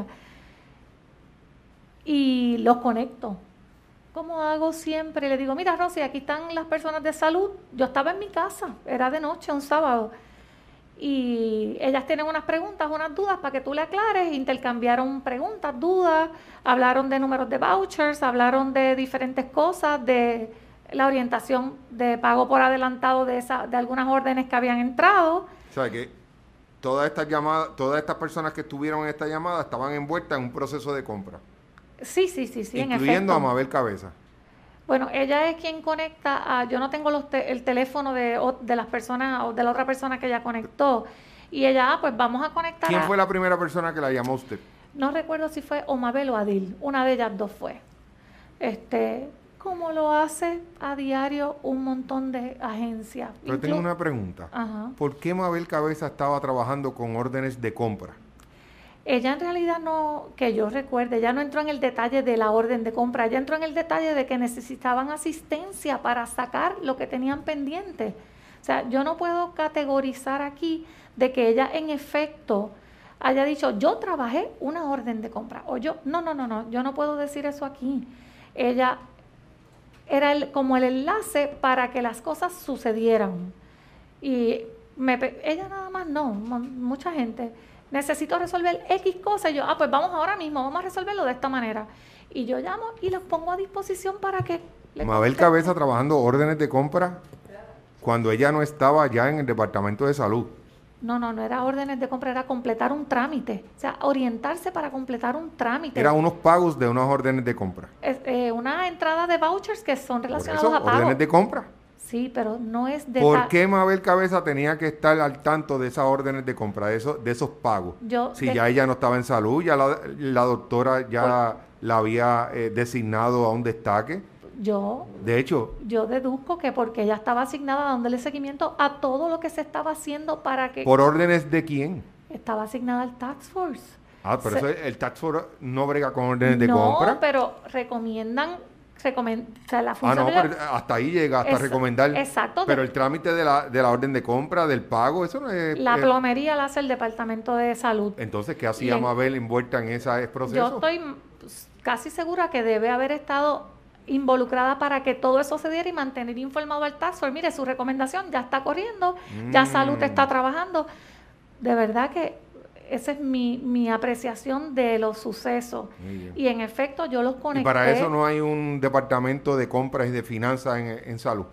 y los conecto. Como hago siempre, le digo, mira Rosy, aquí están las personas de salud. Yo estaba en mi casa, era de noche, un sábado, y ellas tienen unas preguntas, unas dudas para que tú le aclares. Intercambiaron preguntas, dudas, hablaron de números de vouchers, hablaron de diferentes cosas, de la orientación de pago por adelantado de esa, de algunas órdenes que habían entrado. O sea que todas estas llamadas, todas estas personas que estuvieron en esta llamada estaban envueltas en un proceso de compra. Sí, sí, sí, sí, incluyendo a Mabel Cabeza. Bueno, ella es quien conecta a, yo no tengo los te, el teléfono de, de las personas o de la otra persona que ella conectó, y ella, ah, pues vamos a conectar. ¿Quién a, fue la primera persona que la llamó a usted? No recuerdo si fue o Mabel o Adil, una de ellas dos fue. Este, como lo hace a diario un montón de agencias. Pero Inclu tengo una pregunta. Ajá. ¿Por qué Mabel Cabeza estaba trabajando con órdenes de compra? Ella en realidad no, que yo recuerde, ella no entró en el detalle de la orden de compra, ella entró en el detalle de que necesitaban asistencia para sacar lo que tenían pendiente. O sea, yo no puedo categorizar aquí de que ella en efecto haya dicho, yo trabajé una orden de compra, o yo, no, no, no, no, yo no puedo decir eso aquí. Ella era el, como el enlace para que las cosas sucedieran. Y me, ella nada más no, mucha gente. necesito resolver X cosas. Y yo, ah, pues vamos ahora mismo, vamos a resolverlo de esta manera. Y yo llamo y los pongo a disposición para que... Mabel Cabeza trabajando órdenes de compra cuando ella no estaba ya en el Departamento de Salud. No, no, no era órdenes de compra, era completar un trámite. O sea, orientarse para completar un trámite. Era unos pagos de unas órdenes de compra. Es, eh, una entrada de vouchers que son relacionados Por eso, a pagos. órdenes de compra. Sí, pero no es de... ¿Por qué Mabel Cabeza tenía que estar al tanto de esas órdenes de compra, de esos, de esos pagos? Yo, si de... ya ella no estaba en salud, ya la, la doctora ya Por... la había eh, designado a un destaque. Yo, de hecho, yo deduzco que porque ella estaba asignada dándole seguimiento a todo lo que se estaba haciendo para que... ¿Por órdenes de quién? Estaba asignada al Task Force. Ah, pero se... eso, el Task Force no brega con órdenes no, de compra. No, pero recomiendan... Recomend... O sea, la función ah, no, pero hasta ahí llega, hasta es... recomendar. Exacto. Pero de... el trámite de la, de la orden de compra, del pago, eso no es... La es... plomería la hace el Departamento de Salud. Entonces, ¿qué hacía en... Mabel envuelta en ese proceso? Yo estoy pues, casi segura que debe haber estado involucrada para que todo eso se diera y mantener informado al Task Force. Mire, su recomendación ya está corriendo, mm. ya Salud está trabajando. De verdad que esa es mi, mi apreciación de los sucesos. Y en efecto yo los conecté. ¿Y para eso no hay un departamento de compras y de finanzas en, en Salud?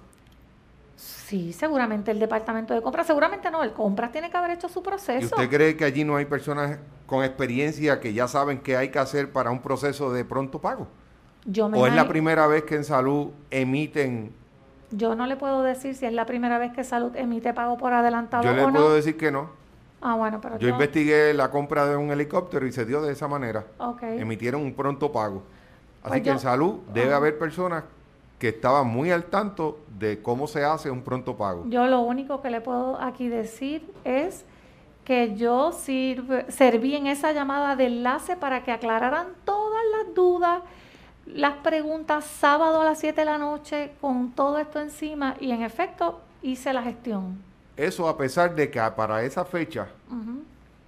Sí, seguramente el departamento de compras, seguramente no, el compras tiene que haber hecho su proceso. ¿Y usted cree que allí no hay personas con experiencia que ya saben qué hay que hacer para un proceso de pronto pago? Yo me ¿O es la imagino, primera vez que en Salud emiten? Yo no le puedo decir si es la primera vez que Salud emite pago por adelantado o no. Yo le puedo decir que no. Ah, bueno, pero yo, yo investigué la compra de un helicóptero y se dio de esa manera. Okay. Emitieron un pronto pago. Así pues que yo, en Salud debe uh, haber personas que estaban muy al tanto de cómo se hace un pronto pago. Yo lo único que le puedo aquí decir es que yo sirve, serví en esa llamada de enlace para que aclararan todas las dudas, las preguntas, sábado a las siete de la noche con todo esto encima, y en efecto hice la gestión. Eso a pesar de que para esa fecha uh-huh.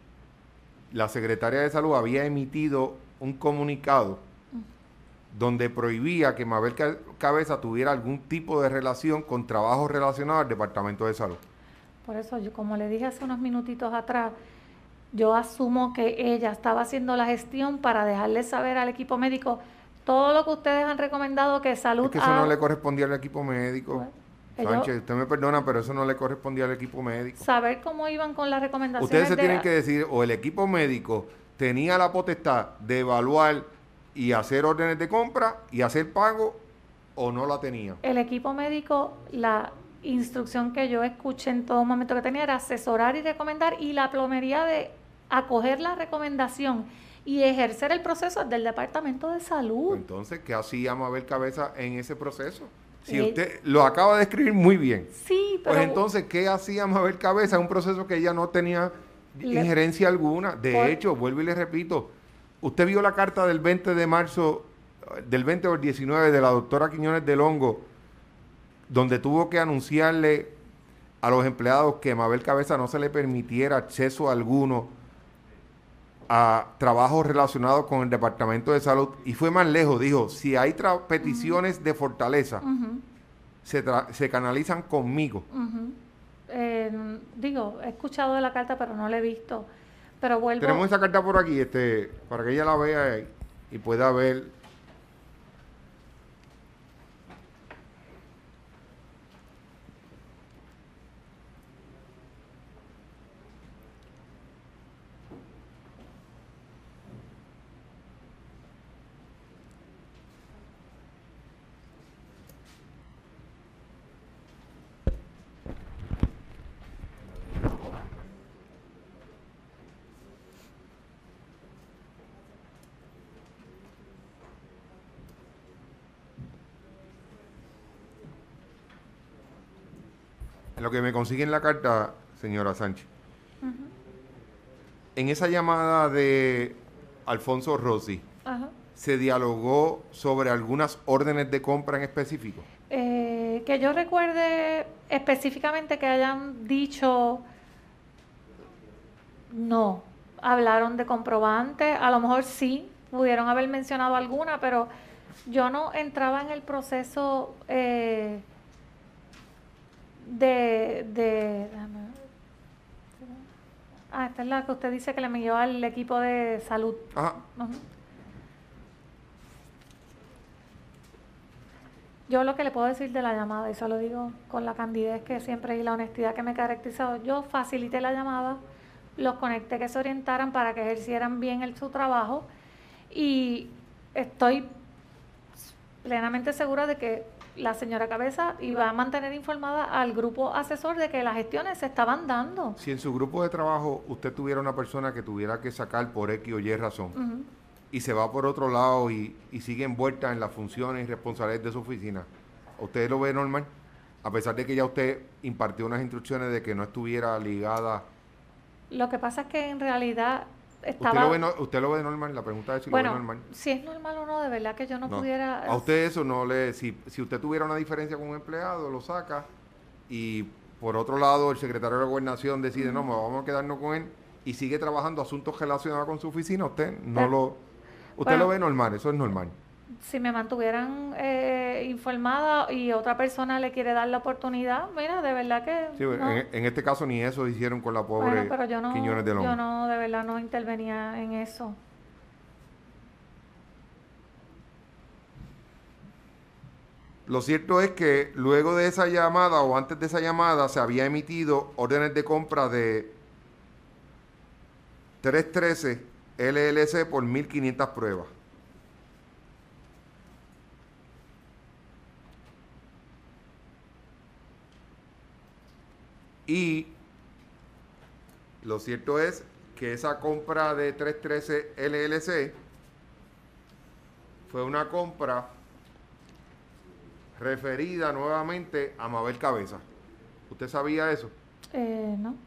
la Secretaría de Salud había emitido un comunicado uh-huh. donde prohibía que Mabel Cabeza tuviera algún tipo de relación con trabajos relacionados al Departamento de Salud. Por eso, yo como le dije hace unos minutitos atrás, yo asumo que ella estaba haciendo la gestión para dejarle saber al equipo médico todo lo que ustedes han recomendado que Salud... Es que eso ha... no le correspondía al equipo médico. Bueno, Sánchez, ellos... usted me perdona, pero eso no le correspondía al equipo médico. Saber cómo iban con las recomendaciones. Ustedes se de... tienen que decir, o el equipo médico tenía la potestad de evaluar y hacer órdenes de compra y hacer pago, o no la tenía. El equipo médico, la instrucción que yo escuché en todo momento que tenía era asesorar y recomendar, y la plomería de acoger la recomendación y ejercer el proceso del Departamento de Salud. Entonces, ¿qué hacía Mabel Cabeza en ese proceso? Si eh, usted lo acaba de escribir muy bien. Sí, pero... Pues entonces, ¿qué hacía Mabel Cabeza en un proceso que ella no tenía le, injerencia alguna? De por, hecho, vuelvo y le repito, usted vio la carta del veinte de marzo, del veinte o el diecinueve de la doctora Quiñones del Hongo, donde tuvo que anunciarle a los empleados que a Mabel Cabeza no se le permitiera acceso alguno a trabajos relacionados con el Departamento de Salud, y fue más lejos, dijo, si hay peticiones uh-huh. de fortaleza, uh-huh. se, se canalizan conmigo. Uh-huh. eh, digo, he escuchado de la carta, pero no la he visto, pero vuelvo... Tenemos esa carta por aquí, este, para que ella la vea y, y pueda ver. Lo que me consigue en la carta, señora Sánchez, uh-huh. en esa llamada de Alfonso Rossi, uh-huh. ¿se dialogó sobre algunas órdenes de compra en específico? Eh, que yo recuerde específicamente que hayan dicho, no, hablaron de comprobantes, a lo mejor sí, pudieron haber mencionado alguna, pero yo no entraba en el proceso... Eh, de, de ah, esta es la que usted dice que le envió al equipo de salud. Ajá. Uh-huh. Yo lo que le puedo decir de la llamada, y se lo digo con la candidez que siempre y la honestidad que me ha caracterizado, yo facilité la llamada, los conecté que se orientaran para que ejercieran bien el, su trabajo, y estoy plenamente segura de que la señora Cabeza iba a mantener informada al grupo asesor de que las gestiones se estaban dando. Si en su grupo de trabajo usted tuviera una persona que tuviera que sacar por X o Y razón, uh-huh, y se va por otro lado y, y sigue envuelta en las funciones y responsabilidades de su oficina, ¿usted lo ve normal? A pesar de que ya usted impartió unas instrucciones de que no estuviera ligada. Lo que pasa es que en realidad estaba... ¿Usted lo ve, no, usted lo ve normal? La pregunta es si bueno, lo ve normal. Si es normal o no, de verdad que yo no, no. pudiera... A usted eso no le... Si, si usted tuviera una diferencia con un empleado, lo saca y por otro lado el secretario de la Gobernación decide, uh-huh, no, vamos a quedarnos con él y sigue trabajando asuntos relacionados con su oficina, usted no Pero, lo... Usted bueno, lo ve normal, eso es normal. Si me mantuvieran eh, informada y otra persona le quiere dar la oportunidad, mira, de verdad que... Sí, no. en, en este caso ni eso hicieron con la pobre bueno, pero yo no, Quiñones de Lomo. Yo no, de verdad no intervenía en eso. Lo cierto es que luego de esa llamada o antes de esa llamada se había emitido órdenes de compra de trescientos trece L L C por mil quinientas pruebas. Y lo cierto es que esa compra de trescientos trece L L C fue una compra referida nuevamente a Mabel Cabeza. ¿Usted sabía eso? Eh, no.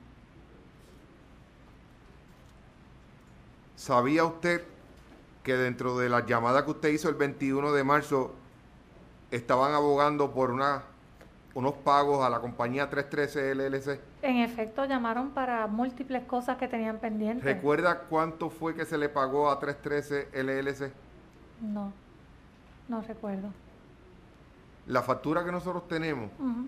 ¿Sabía usted que dentro de las llamadas que usted hizo el veintiuno de marzo estaban abogando por una, unos pagos a la compañía trescientos trece L L C? En efecto, llamaron para múltiples cosas que tenían pendientes. ¿Recuerda cuánto fue que se le pagó a trescientos trece L L C? No, no recuerdo. La factura que nosotros tenemos uh-huh,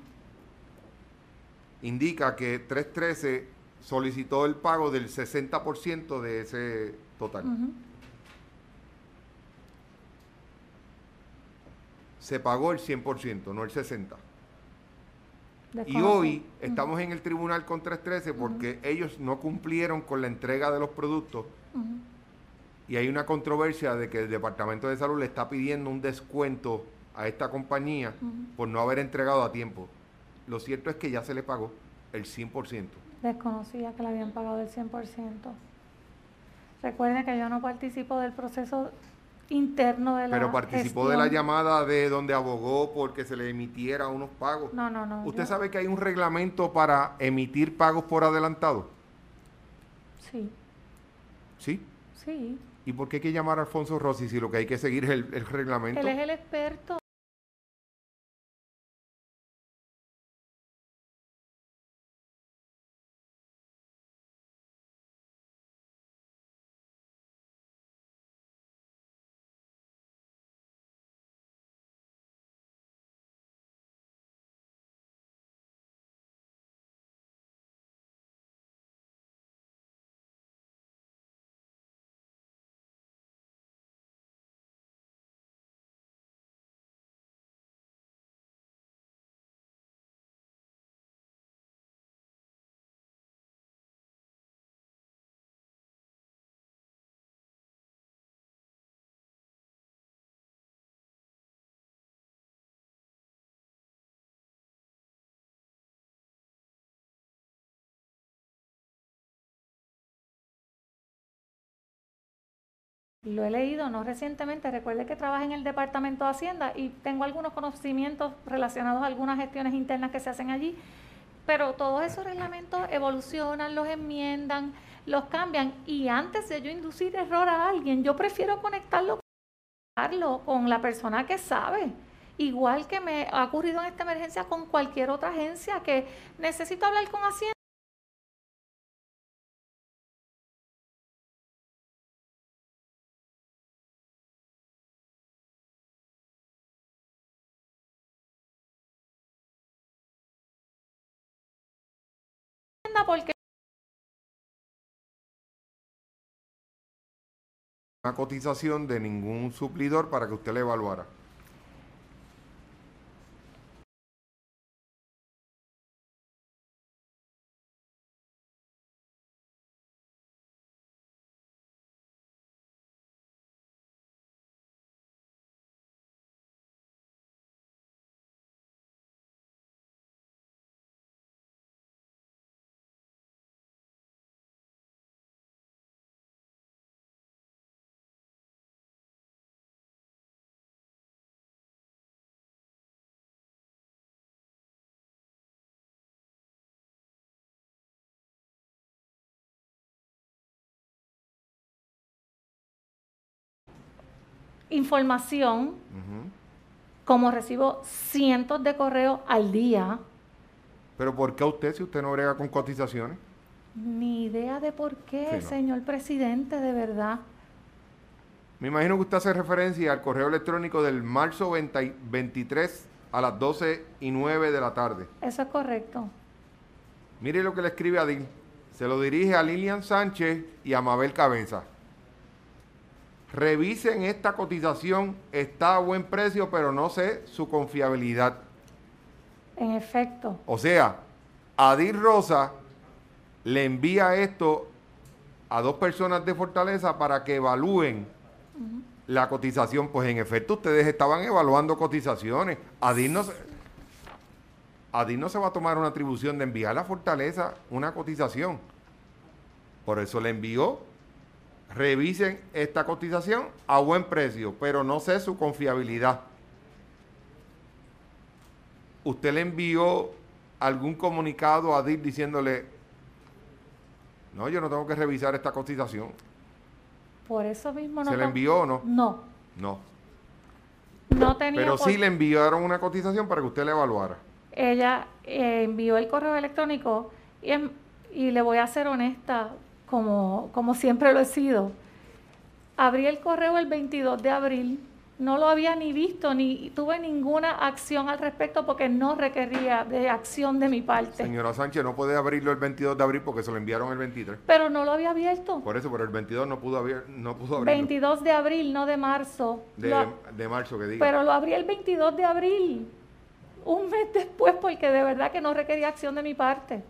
indica que trescientos trece solicitó el pago del sesenta por ciento de ese total. Uh-huh. Se pagó el cien por ciento, no el sesenta por ciento. Y hoy uh-huh, estamos en el tribunal con trescientos trece porque uh-huh, ellos no cumplieron con la entrega de los productos, uh-huh, y hay una controversia de que el Departamento de Salud le está pidiendo un descuento a esta compañía uh-huh, por no haber entregado a tiempo. Lo cierto es que ya se le pagó el cien por ciento. Desconocía que le habían pagado el cien por ciento. Recuerden que yo no participo del proceso interno de la Pero participó gestión. de la llamada de donde abogó porque se le emitiera unos pagos. No, no, no. ¿Usted yo... sabe que hay un reglamento para emitir pagos por adelantado? Sí. ¿Sí? Sí. ¿Y por qué hay que llamar a Alfonso Rossi si lo que hay que seguir es el, el reglamento? Él es el experto. Lo he leído, no recientemente. Recuerde que trabajo en el Departamento de Hacienda y tengo algunos conocimientos relacionados a algunas gestiones internas que se hacen allí, pero todos esos reglamentos evolucionan, los enmiendan, los cambian, y antes de yo inducir error a alguien, yo prefiero conectarlo con la persona que sabe. Igual que me ha ocurrido en esta emergencia con cualquier otra agencia que necesito hablar con Hacienda. Porque una cotización de ningún suplidor para que usted le evaluara. Información, uh-huh. Como recibo cientos de correos al día. ¿Pero por qué usted, si usted no brega con cotizaciones? Ni idea de por qué, sí, no. Señor presidente, de verdad. Me imagino que usted hace referencia al correo electrónico del marzo veintitrés a las doce y nueve de la tarde. Eso es correcto. Mire lo que le escribe a Adil. Se lo dirige a Lilian Sánchez y a Mabel Cabeza. Revisen esta cotización, está a buen precio, pero no sé su confiabilidad. En efecto. O sea, Adil Rosa le envía esto a dos personas de Fortaleza para que evalúen uh-huh. la cotización. Pues en efecto, ustedes estaban evaluando cotizaciones. Adil no, se, Adil no se va a tomar una atribución de enviar a Fortaleza una cotización. Por eso le envió. Revisen esta cotización a buen precio, pero no sé su confiabilidad. ¿Usted le envió algún comunicado a Adil diciéndole, no, yo no tengo que revisar esta cotización? Por eso mismo no. ¿Se le envió o no? No. No. No tenía. Pero por... sí le enviaron una cotización para que usted la evaluara. Ella eh, envió el correo electrónico y, y le voy a ser honesta, como, como siempre lo he sido. Abrí el correo el veintidós de abril, no lo había ni visto, ni tuve ninguna acción al respecto porque no requería de acción de mi parte. Señora Sánchez, no puede abrirlo el veintidós de abril porque se lo enviaron el veintitrés. Pero no lo había abierto. Por eso, pero el veintidós no pudo, abrir, no pudo abrirlo. veintidós de abril, no de marzo. De, lo, de marzo, que diga. Pero lo abrí el veintidós de abril, un mes después, porque de verdad que no requería acción de mi parte.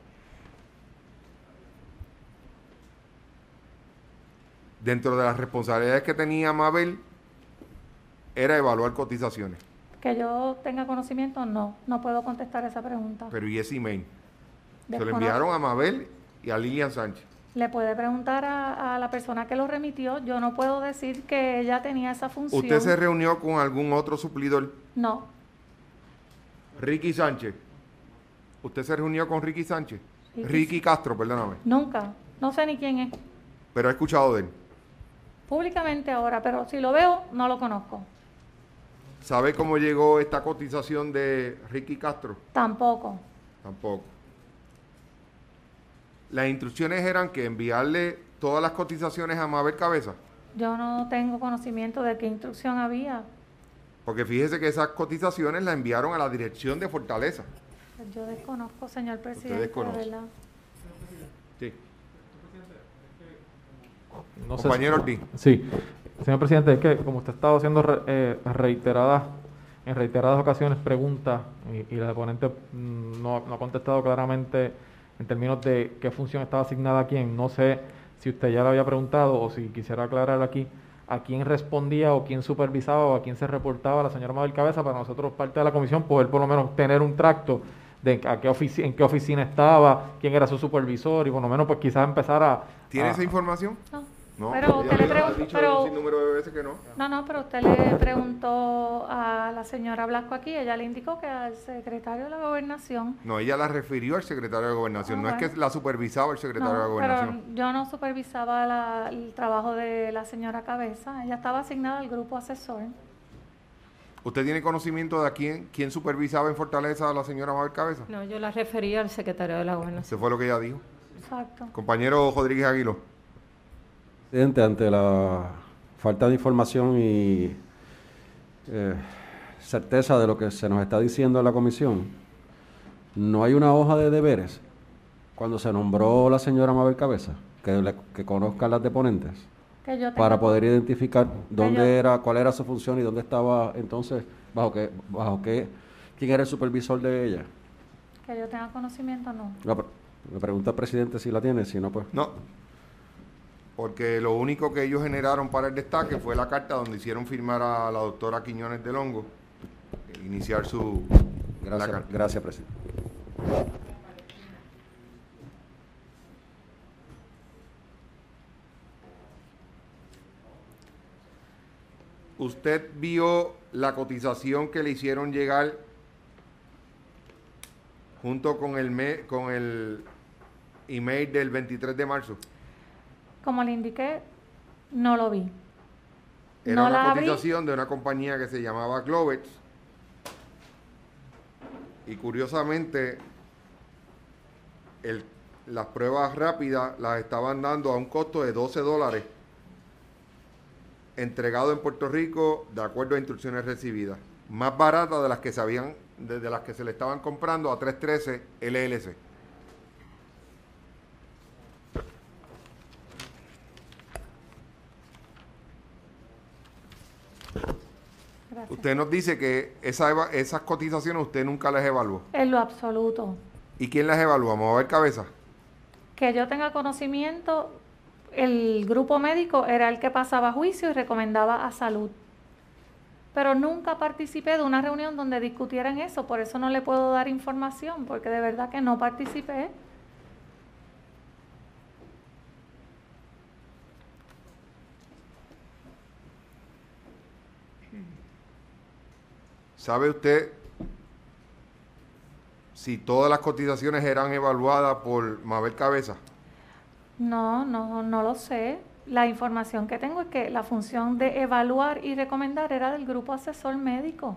Dentro de las responsabilidades que tenía Mabel, era evaluar cotizaciones. Que yo tenga conocimiento, no, no puedo contestar esa pregunta. Pero ¿y ese email? Desconozco. Se lo enviaron a Mabel y a Lilian Sánchez. Le puede preguntar a, a la persona que lo remitió, yo no puedo decir que ella tenía esa función. ¿Usted se reunió con algún otro suplidor? No. Ricky Sánchez. ¿Usted se reunió con Ricky Sánchez? Ricky, Ricky Castro, perdóname. Nunca, no sé ni quién es. Pero he escuchado de él. Públicamente ahora, pero si lo veo, no lo conozco. ¿Sabe cómo llegó esta cotización de Ricky Castro? Tampoco. Tampoco. Las instrucciones eran que enviarle todas las cotizaciones a Mabel Cabeza. Yo no tengo conocimiento de qué instrucción había. Porque fíjese que esas cotizaciones las enviaron a la dirección de Fortaleza. Yo desconozco, señor presidente. Usted desconoce. De verdad. Sí. No Compañero sé, Ortiz. Sí, señor presidente, es que como usted ha estado haciendo re, eh, reiteradas, en reiteradas ocasiones preguntas y, y la ponente mm, no, no ha contestado claramente en términos de qué función estaba asignada a quién, no sé si usted ya le había preguntado o si quisiera aclarar aquí a quién respondía o quién supervisaba o a quién se reportaba la señora Mabel Cabeza para nosotros, parte de la comisión, poder por lo menos tener un tracto de a qué ofici en qué oficina estaba, quién era su supervisor y por lo menos pues quizás empezar a... ¿Tiene a, esa información? No. No, pero usted le preguntó, pero, un número de veces que no. No, no, pero usted le preguntó a la señora Blasco aquí, ella le indicó que al secretario de la Gobernación. No, ella la refirió al secretario de Gobernación, Ah, no bueno. es que la supervisaba el secretario no, de Gobernación. Pero yo no supervisaba la, el trabajo de la señora Cabeza, ella estaba asignada al grupo asesor. ¿Usted tiene conocimiento de a quién, quién supervisaba en Fortaleza a la señora Mabel Cabeza? No, yo la refería al secretario de la Gobernación. Eso fue lo que ella dijo. Exacto. Compañero Rodríguez Aguiló. Presidente, ante la falta de información y eh, certeza de lo que se nos está diciendo en la comisión, ¿no hay una hoja de deberes cuando se nombró la señora Mabel Cabeza que, le, que conozcan las deponentes? que yo para tengo, poder identificar dónde yo, era, cuál era su función y dónde estaba entonces, bajo qué, bajo qué, quién era el supervisor de ella? que yo tenga conocimiento, no. La, me pregunta el presidente si la tiene, si no, pues. No, porque lo único que ellos generaron para el destaque fue la carta donde hicieron firmar a la doctora Quiñones del Hongo, eh, iniciar su... Gracias, gracias, presidente. ¿Usted vio la cotización que le hicieron llegar junto con el, me, con el email del veintitrés de marzo? Como le indiqué, no lo vi. Era no una la cotización abrí. de una compañía que se llamaba Globex. Y curiosamente, el, las pruebas rápidas las estaban dando a un costo de doce dólares, entregado en Puerto Rico de acuerdo a instrucciones recibidas. Más barata de las que se habían, de, de las que se le estaban comprando a tres trece L L C. Gracias. Usted nos dice que esa eva, esas cotizaciones usted nunca las evaluó. En lo absoluto. ¿Y quién las evalúa? ¿Vamos a ver cabeza? Que yo tenga conocimiento, el grupo médico era el que pasaba juicio y recomendaba a salud. Pero nunca participé de una reunión donde discutieran eso, por eso no le puedo dar información, porque de verdad que no participé. ¿Sabe usted si todas las cotizaciones eran evaluadas por Mabel Cabeza? No, no, no lo sé. La información que tengo es que la función de evaluar y recomendar era del grupo asesor médico.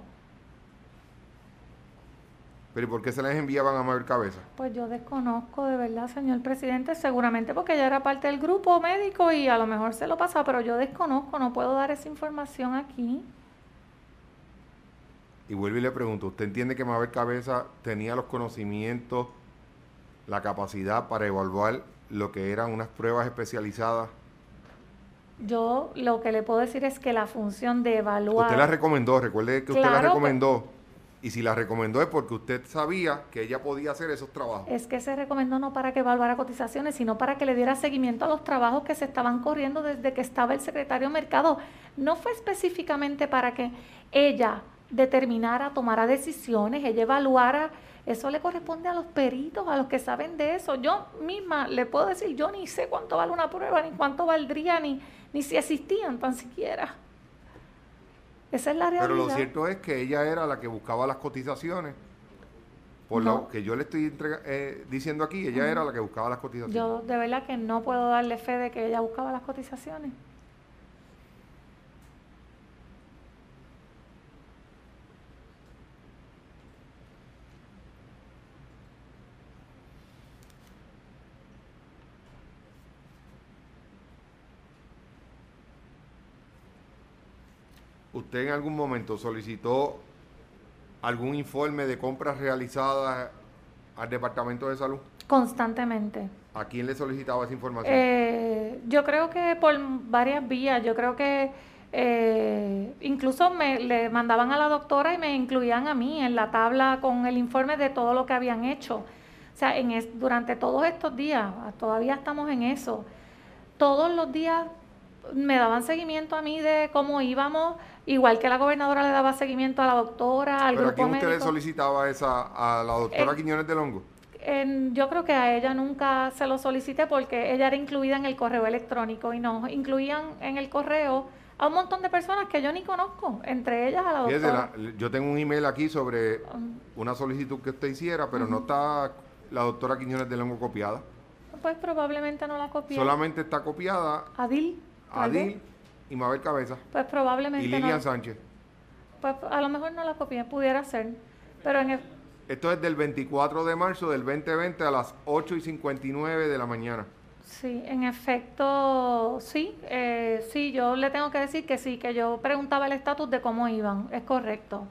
¿Pero y por qué se les enviaban a Mabel Cabeza? Pues yo desconozco de verdad, señor presidente, seguramente porque ella era parte del grupo médico y a lo mejor se lo pasaba, pero yo desconozco, no puedo dar esa información aquí. Y vuelvo y le pregunto, ¿usted entiende que Mabel Cabeza tenía los conocimientos, la capacidad para evaluar lo que eran unas pruebas especializadas? Yo lo que le puedo decir es que la función de evaluar... Usted la recomendó, recuerde que usted Claro, la recomendó. Y si la recomendó es porque usted sabía que ella podía hacer esos trabajos. Es que se recomendó no para que evaluara cotizaciones, sino para que le diera seguimiento a los trabajos que se estaban corriendo desde que estaba el secretario de Mercado. No fue específicamente para que ella determinara, tomara decisiones, ella evaluara. Eso le corresponde a los peritos, a los que saben de eso. Yo misma le puedo decir, yo ni sé cuánto vale una prueba, ni cuánto valdría, ni, ni si existían tan siquiera. Esa es la realidad. Pero lo cierto es que ella era la que buscaba las cotizaciones. Por No. lo que yo le estoy entrega, eh, diciendo aquí, ella uh-huh. era la que buscaba las cotizaciones. Yo de verdad que no puedo darle fe de que ella buscaba las cotizaciones. ¿Usted en algún momento solicitó algún informe de compras realizadas al Departamento de Salud? Constantemente. ¿A quién le solicitaba esa información? Eh, yo creo que por varias vías. Yo creo que eh, incluso me le mandaban a la doctora y me incluían a mí en la tabla con el informe de todo lo que habían hecho. O sea, en es, durante todos estos días, todavía estamos en eso. Todos los días me daban seguimiento a mí de cómo íbamos, igual que la gobernadora le daba seguimiento a la doctora, al ¿Pero grupo a quién usted médico. le solicitaba esa, a la doctora Eh, Quiñones del Hongo? En, yo creo que a ella nunca se lo solicité porque ella era incluida en el correo electrónico y nos incluían en el correo a un montón de personas que yo ni conozco, entre ellas a la Fíjese, doctora. la, yo tengo un email aquí sobre una solicitud que usted hiciera, pero uh-huh. no está la doctora Quiñones del Hongo copiada. Pues probablemente no la copié. Solamente está copiada Adil. Adil y Mabel Cabeza. Pues probablemente y Lilian no. Sánchez. Pues a lo mejor no la copié, pudiera ser. Pero en el... Esto es del veinticuatro de marzo del veinte veinte a las ocho y cincuenta y nueve de la mañana. Sí, en efecto, sí. Eh, sí, yo le tengo que decir que sí, que yo preguntaba el estatus de cómo iban. Es correcto.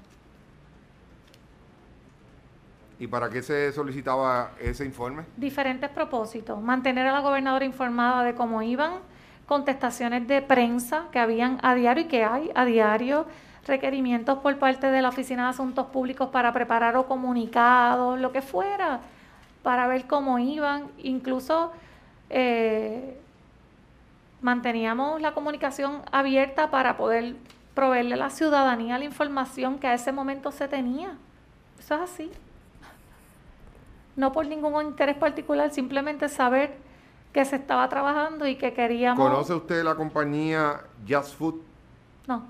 ¿Y para qué se solicitaba ese informe? Diferentes propósitos. Mantener a la gobernadora informada de cómo iban, contestaciones de prensa que habían a diario y que hay a diario, requerimientos por parte de la Oficina de Asuntos Públicos para preparar o comunicados, lo que fuera, para ver cómo iban. Incluso eh, manteníamos la comunicación abierta para poder proveerle a la ciudadanía la información que a ese momento se tenía. Eso es así. No por ningún interés particular, simplemente saber que se estaba trabajando y que queríamos... ¿Conoce usted la compañía Just Food? No.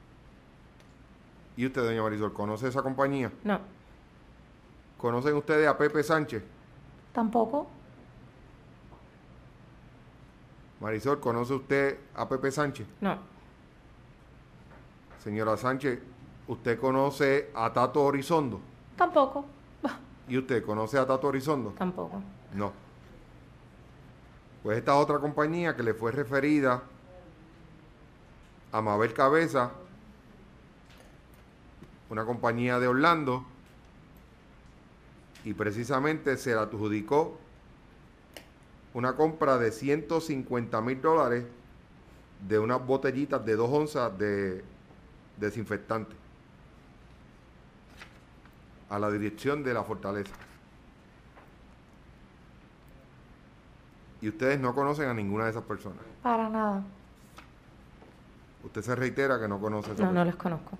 ¿Y usted, doña Marisol, conoce esa compañía? No. ¿Conocen ustedes a Pepe Sánchez? Tampoco. Marisol, ¿conoce usted a Pepe Sánchez? No. Señora Sánchez, ¿usted conoce a Tato Horizondo? Tampoco. ¿Y usted conoce a Tato Horizondo? Tampoco. No. Pues esta otra compañía que le fue referida a Mabel Cabeza, una compañía de Orlando, y precisamente se le adjudicó una compra de ciento cincuenta mil dólares de unas botellitas de dos onzas de desinfectante a la dirección de la Fortaleza. Y ustedes no conocen a ninguna de esas personas. Para nada. Usted se reitera que no conoce a esa No, persona. no les conozco.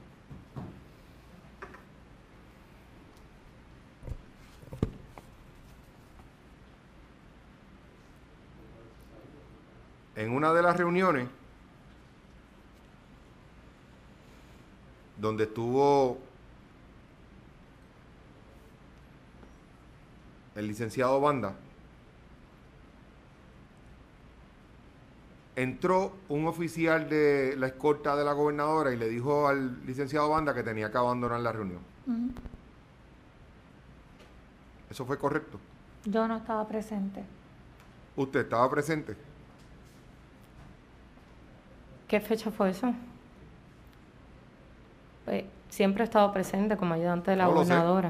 En una de las reuniones donde estuvo el licenciado Banda, entró un oficial de la escolta de la gobernadora y le dijo al licenciado Banda que tenía que abandonar la reunión. Uh-huh. ¿Eso fue correcto? Yo no estaba presente. ¿Usted estaba presente? ¿Qué fecha fue eso? Pues, siempre he estado presente como ayudante de la No lo sé. gobernadora.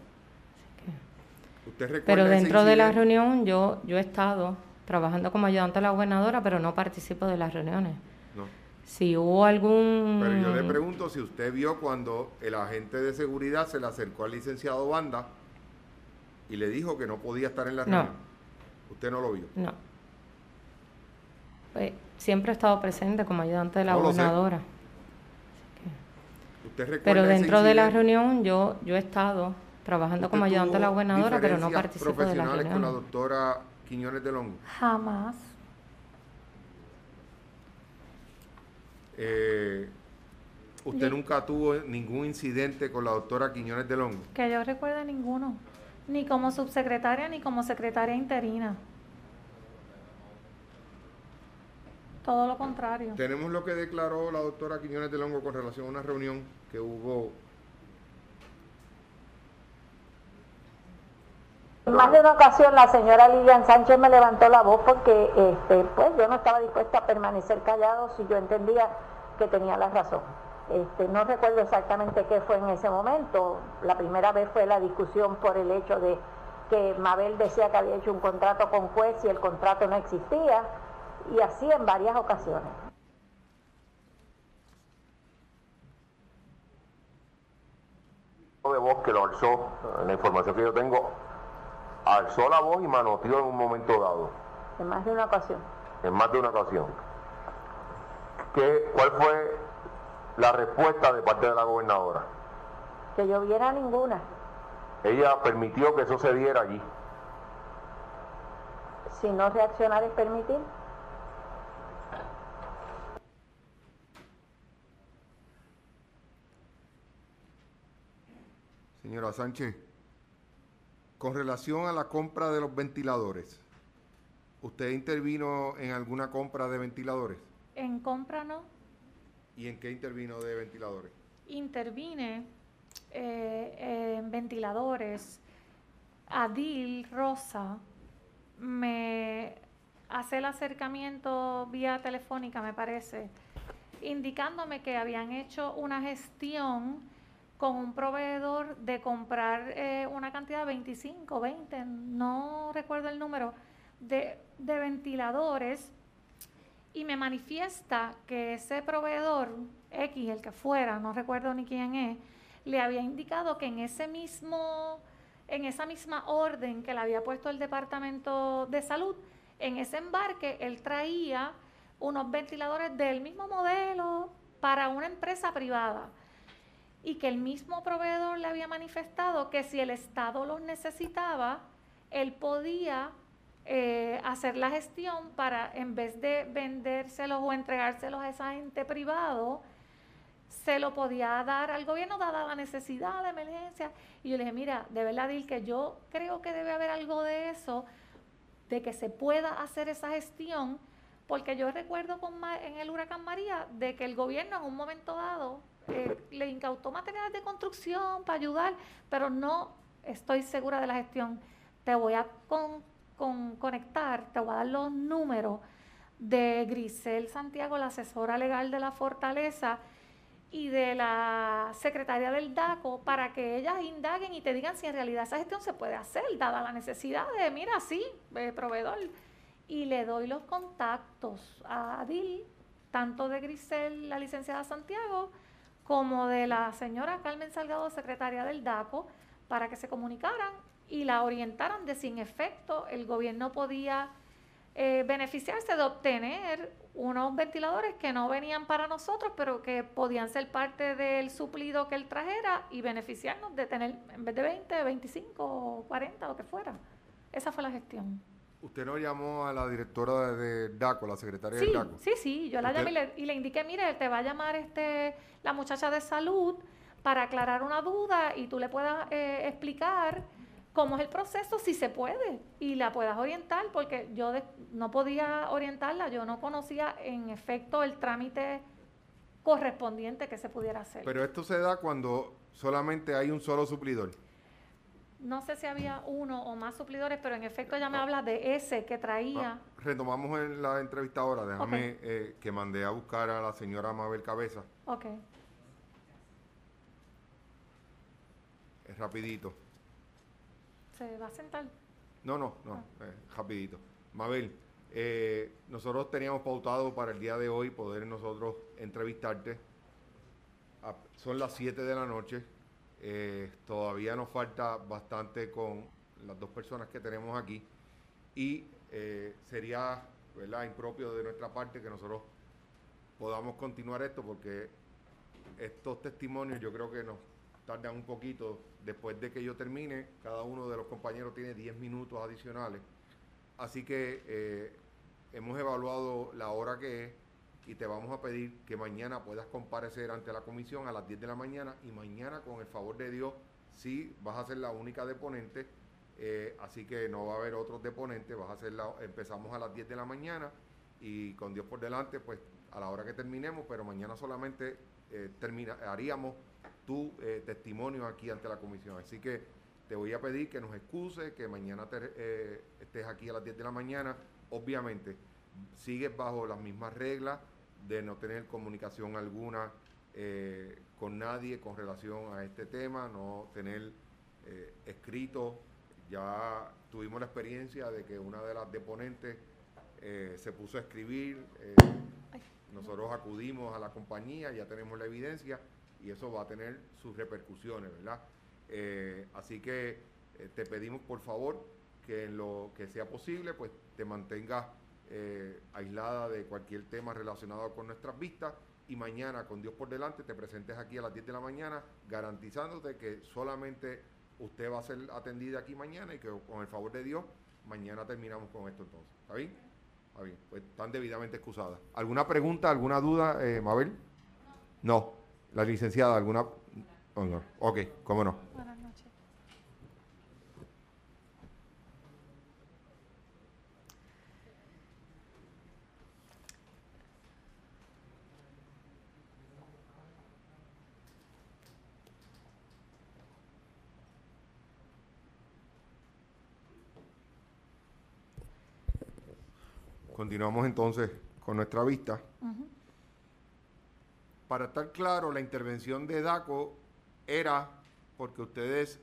¿Usted recuerda Pero ese dentro de la incidente? reunión yo, yo he estado trabajando como ayudante de la gobernadora, pero no participo de las reuniones. No. Si hubo algún... Pero yo le pregunto si usted vio cuando el agente de seguridad se le acercó al licenciado Banda y le dijo que no podía estar en la No. reunión. ¿Usted no lo vio? No. Pues, siempre he estado presente como ayudante de la No lo sé. gobernadora. ¿Usted recuerda Pero ese dentro de la incidente? reunión yo, yo he estado trabajando ¿Usted como ayudante de la tuvo gobernadora, pero no diferencias participo de las profesionales con la reuniones. doctora Quiñones de Longo? Jamás. Eh, ¿Usted Yo- nunca tuvo ningún incidente con la doctora Quiñones de Longo? Que yo recuerde ninguno. Ni como subsecretaria ni como secretaria interina. Todo lo contrario. Tenemos lo que declaró la doctora Quiñones de Longo con relación a una reunión que hubo. En más de una ocasión la señora Lilian Sánchez me levantó la voz porque este, pues yo no estaba dispuesta a permanecer callado si yo entendía que tenía la razón. Este, no recuerdo exactamente qué fue en ese momento. La primera vez fue la discusión por el hecho de que Mabel decía que había hecho un contrato con juez y el contrato no existía, y así en varias ocasiones. De voz que lo alzó, la información que yo tengo, alzó la voz y manoteó en un momento dado, En más de una ocasión. en más de una ocasión. ¿Qué, ¿Cuál fue la respuesta de parte de la gobernadora? Que yo viera ninguna. Ella permitió que eso se diera allí. Si no reaccionar es permitir. Señora Sánchez, con relación a la compra de los ventiladores, ¿usted intervino en alguna compra de ventiladores? En compra no. ¿Y en qué intervino de ventiladores? Intervine eh, en ventiladores. Adil Rosa me hace el acercamiento vía telefónica, me parece, indicándome que habían hecho una gestión con un proveedor de comprar eh, una cantidad de veinticinco, veinte, no recuerdo el número, de, de ventiladores, y me manifiesta que ese proveedor X, el que fuera, no recuerdo ni quién es, le había indicado que en ese mismo, en esa misma orden que le había puesto el Departamento de Salud, en ese embarque él traía unos ventiladores del mismo modelo para una empresa privada y que el mismo proveedor le había manifestado que si el Estado los necesitaba, él podía eh, hacer la gestión para, en vez de vendérselos o entregárselos a esa ente privado, se lo podía dar al gobierno dada la necesidad, la emergencia. Y yo le dije, mira, de verdad, Dil, que yo creo que debe haber algo de eso, de que se pueda hacer esa gestión, porque yo recuerdo con, en el huracán María de que el gobierno en un momento dado eh, le incautó materiales de construcción para ayudar, pero no estoy segura de la gestión. Te voy a con, con, conectar, te voy a dar los números de Grisel Santiago, la asesora legal de la Fortaleza, y de la secretaria del DACO, para que ellas indaguen y te digan si en realidad esa gestión se puede hacer, dada la necesidad de, mira, sí, eh, proveedor. Y le doy los contactos a Adil, tanto de Grisel, la licenciada Santiago, como de la señora Carmen Salgado, secretaria del DACO, para que se comunicaran y la orientaran de si en efecto el gobierno podía eh, beneficiarse de obtener unos ventiladores que no venían para nosotros, pero que podían ser parte del suplido que él trajera y beneficiarnos de tener, en vez de veinte, veinticinco, cuarenta, lo que fuera. Esa fue la gestión. ¿Usted no llamó a la directora de, de DACO, la secretaria sí, del DACO? Sí, sí, yo la llamé y le, y le indiqué, mire, te va a llamar este la muchacha de salud para aclarar una duda y tú le puedas eh, explicar cómo es el proceso, si se puede, y la puedas orientar, porque yo de, no podía orientarla, yo no conocía en efecto el trámite correspondiente que se pudiera hacer. Pero esto se da cuando solamente hay un solo suplidor. No sé si había uno o más suplidores, pero en efecto ella me habla de ese que traía. Ah, retomamos en la entrevista ahora, déjame Okay. eh, que mandé a buscar a la señora Mabel Cabeza. Ok. Es rapidito. ¿Se va a sentar? No, no, no, ah. eh, rapidito. Mabel, eh, nosotros teníamos pautado para el día de hoy poder nosotros entrevistarte. A, son las siete de la noche. Eh, todavía nos falta bastante con las dos personas que tenemos aquí y eh, sería, ¿verdad?, impropio de nuestra parte que nosotros podamos continuar esto, porque estos testimonios yo creo que nos tardan un poquito. Después de que yo termine, cada uno de los compañeros tiene diez minutos adicionales, así que eh, hemos evaluado la hora que es y te vamos a pedir que mañana puedas comparecer ante la comisión a las diez de la mañana, y mañana, con el favor de Dios, sí vas a ser la única deponente, eh, así que no va a haber otros deponentes, vas a ser la, empezamos a las diez de la mañana y con Dios por delante, pues a la hora que terminemos, pero mañana solamente eh, termina, haríamos tu eh, testimonio aquí ante la comisión, así que te voy a pedir que nos excuses, que mañana te, eh, estés aquí a las diez de la mañana. Obviamente sigues bajo las mismas reglas de no tener comunicación alguna eh, con nadie con relación a este tema, no tener eh, escrito. Ya tuvimos la experiencia de que una de las deponentes eh, se puso a escribir, eh, nosotros acudimos a la compañía, ya tenemos la evidencia y eso va a tener sus repercusiones, ¿verdad? Eh, así que eh, te pedimos por favor que en lo que sea posible pues te mantengas Eh, aislada de cualquier tema relacionado con nuestras vistas, y mañana, con Dios por delante, te presentes aquí a las diez de la mañana, garantizándote que solamente usted va a ser atendida aquí mañana y que con el favor de Dios mañana terminamos con esto entonces. ¿Está bien? Está bien, pues están debidamente excusadas. ¿Alguna pregunta, alguna duda, eh, Mabel? No. ¿La licenciada, alguna? Oh, no. Ok, cómo no. Buenas noches. Continuamos entonces con nuestra vista. Uh-huh. Para estar claro, la intervención de DACO era porque ustedes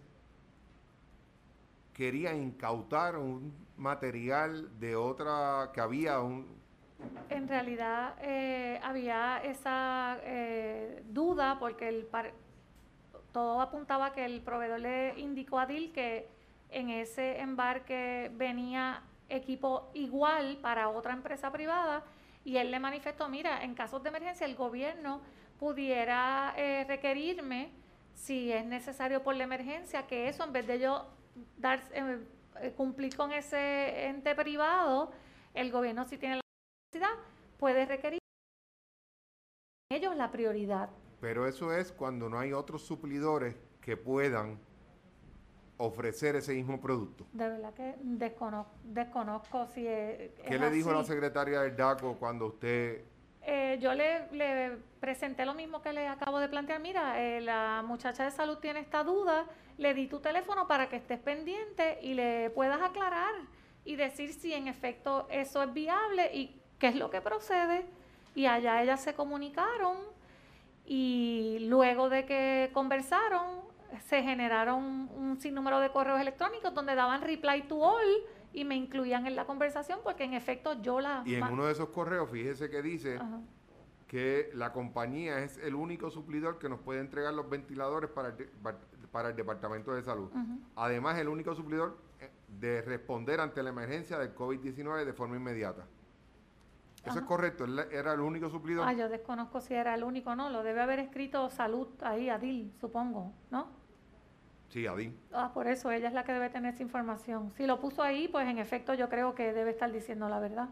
querían incautar un material de otra, que había un, En realidad eh, había esa eh, duda porque el par todo apuntaba que el proveedor le indicó a D I L que en ese embarque venía equipo igual para otra empresa privada y él le manifestó, mira, en casos de emergencia el gobierno pudiera eh, requerirme, si es necesario por la emergencia, que eso en vez de yo dar, eh, cumplir con ese ente privado, el gobierno si tiene la necesidad puede requerir ellos la prioridad. Pero eso es cuando no hay otros suplidores que puedan ofrecer ese mismo producto. De verdad que desconozco, desconozco si es, ¿Qué es le así. dijo la secretaria del DACO cuando usted... Eh, yo le, le presenté lo mismo que le acabo de plantear. Mira, eh, la muchacha de salud tiene esta duda, le di tu teléfono para que estés pendiente y le puedas aclarar y decir si en efecto eso es viable y qué es lo que procede. Y allá ellas se comunicaron y luego de que conversaron se generaron un sinnúmero de correos electrónicos donde daban reply to all y me incluían en la conversación porque en efecto yo la... Y en uno de esos correos, fíjese que dice Ajá. que la compañía es el único suplidor que nos puede entregar los ventiladores para el, de, para el Departamento de Salud. Uh-huh. Además, el único suplidor de responder ante la emergencia del COVID diecinueve de forma inmediata. ¿Eso Ajá. es correcto? ¿Él era el único suplidor? Ah, yo desconozco si era el único, no. Lo debe haber escrito Salud ahí, a D I L, supongo, ¿no? Sí, a D I L. Ah, por eso ella es la que debe tener esa información. Si lo puso ahí, pues en efecto yo creo que debe estar diciendo la verdad.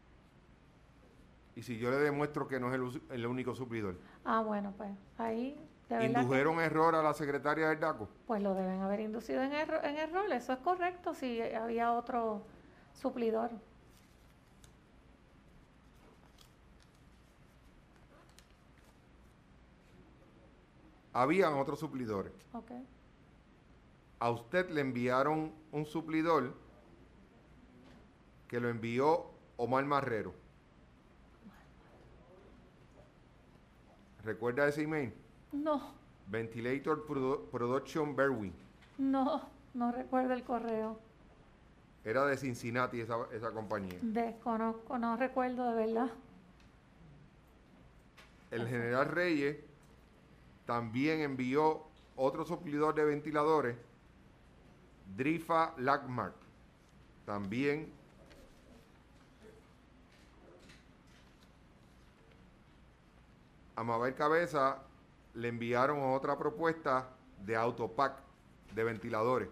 ¿Y si yo le demuestro que no es el, el único suplidor? Ah, bueno, pues ahí... ¿Indujeron que, error a la secretaria del DACO? Pues lo deben haber inducido en, erro, en error, eso es correcto, si había otro suplidor. Habían otros suplidores. Okay. A usted le enviaron un suplidor que lo envió Omar Marrero. ¿Recuerda ese email? No. Ventilator Produ Production Berwin. No, no recuerdo el correo. Era de Cincinnati esa, esa compañía. Desconozco, no recuerdo de verdad. El general Reyes también envió otro suplidor de ventiladores, Drifa Lagmark. También a Mabel Cabeza le enviaron otra propuesta de Autopack de ventiladores.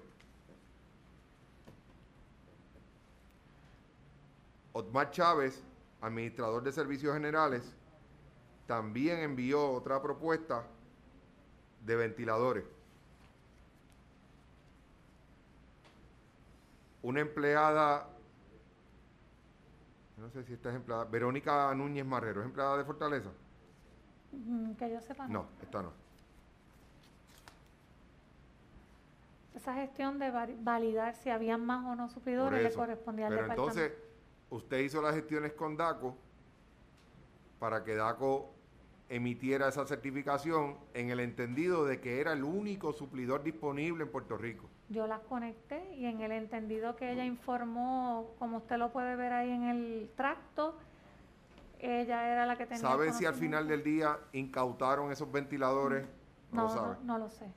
Otmar Chávez, administrador de servicios generales, también envió otra propuesta de ventiladores. Una empleada, no sé si esta es empleada, Verónica Núñez Marrero, ¿es empleada de Fortaleza? Que yo sepa. No, esta no. Esa gestión de validar si habían más o no suplidores le correspondía al Pero departamento. Entonces, usted hizo las gestiones con DACO para que DACO emitiera esa certificación en el entendido de que era el único suplidor disponible en Puerto Rico. Yo las conecté y en el entendido que ella informó, como usted lo puede ver ahí en el tracto, ella era la que tenía. ¿Sabe si al final del día incautaron esos ventiladores? No, No, lo sabe. No, no lo sé.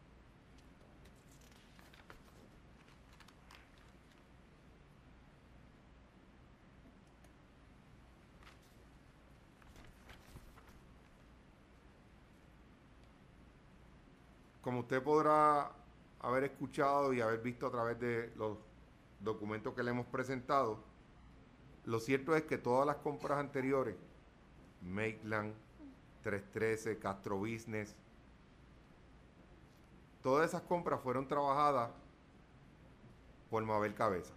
Como usted podrá haber escuchado y haber visto a través de los documentos que le hemos presentado, lo cierto es que todas las compras anteriores, Maitland, trescientos trece, Castro Business, todas esas compras fueron trabajadas por Mabel Cabeza.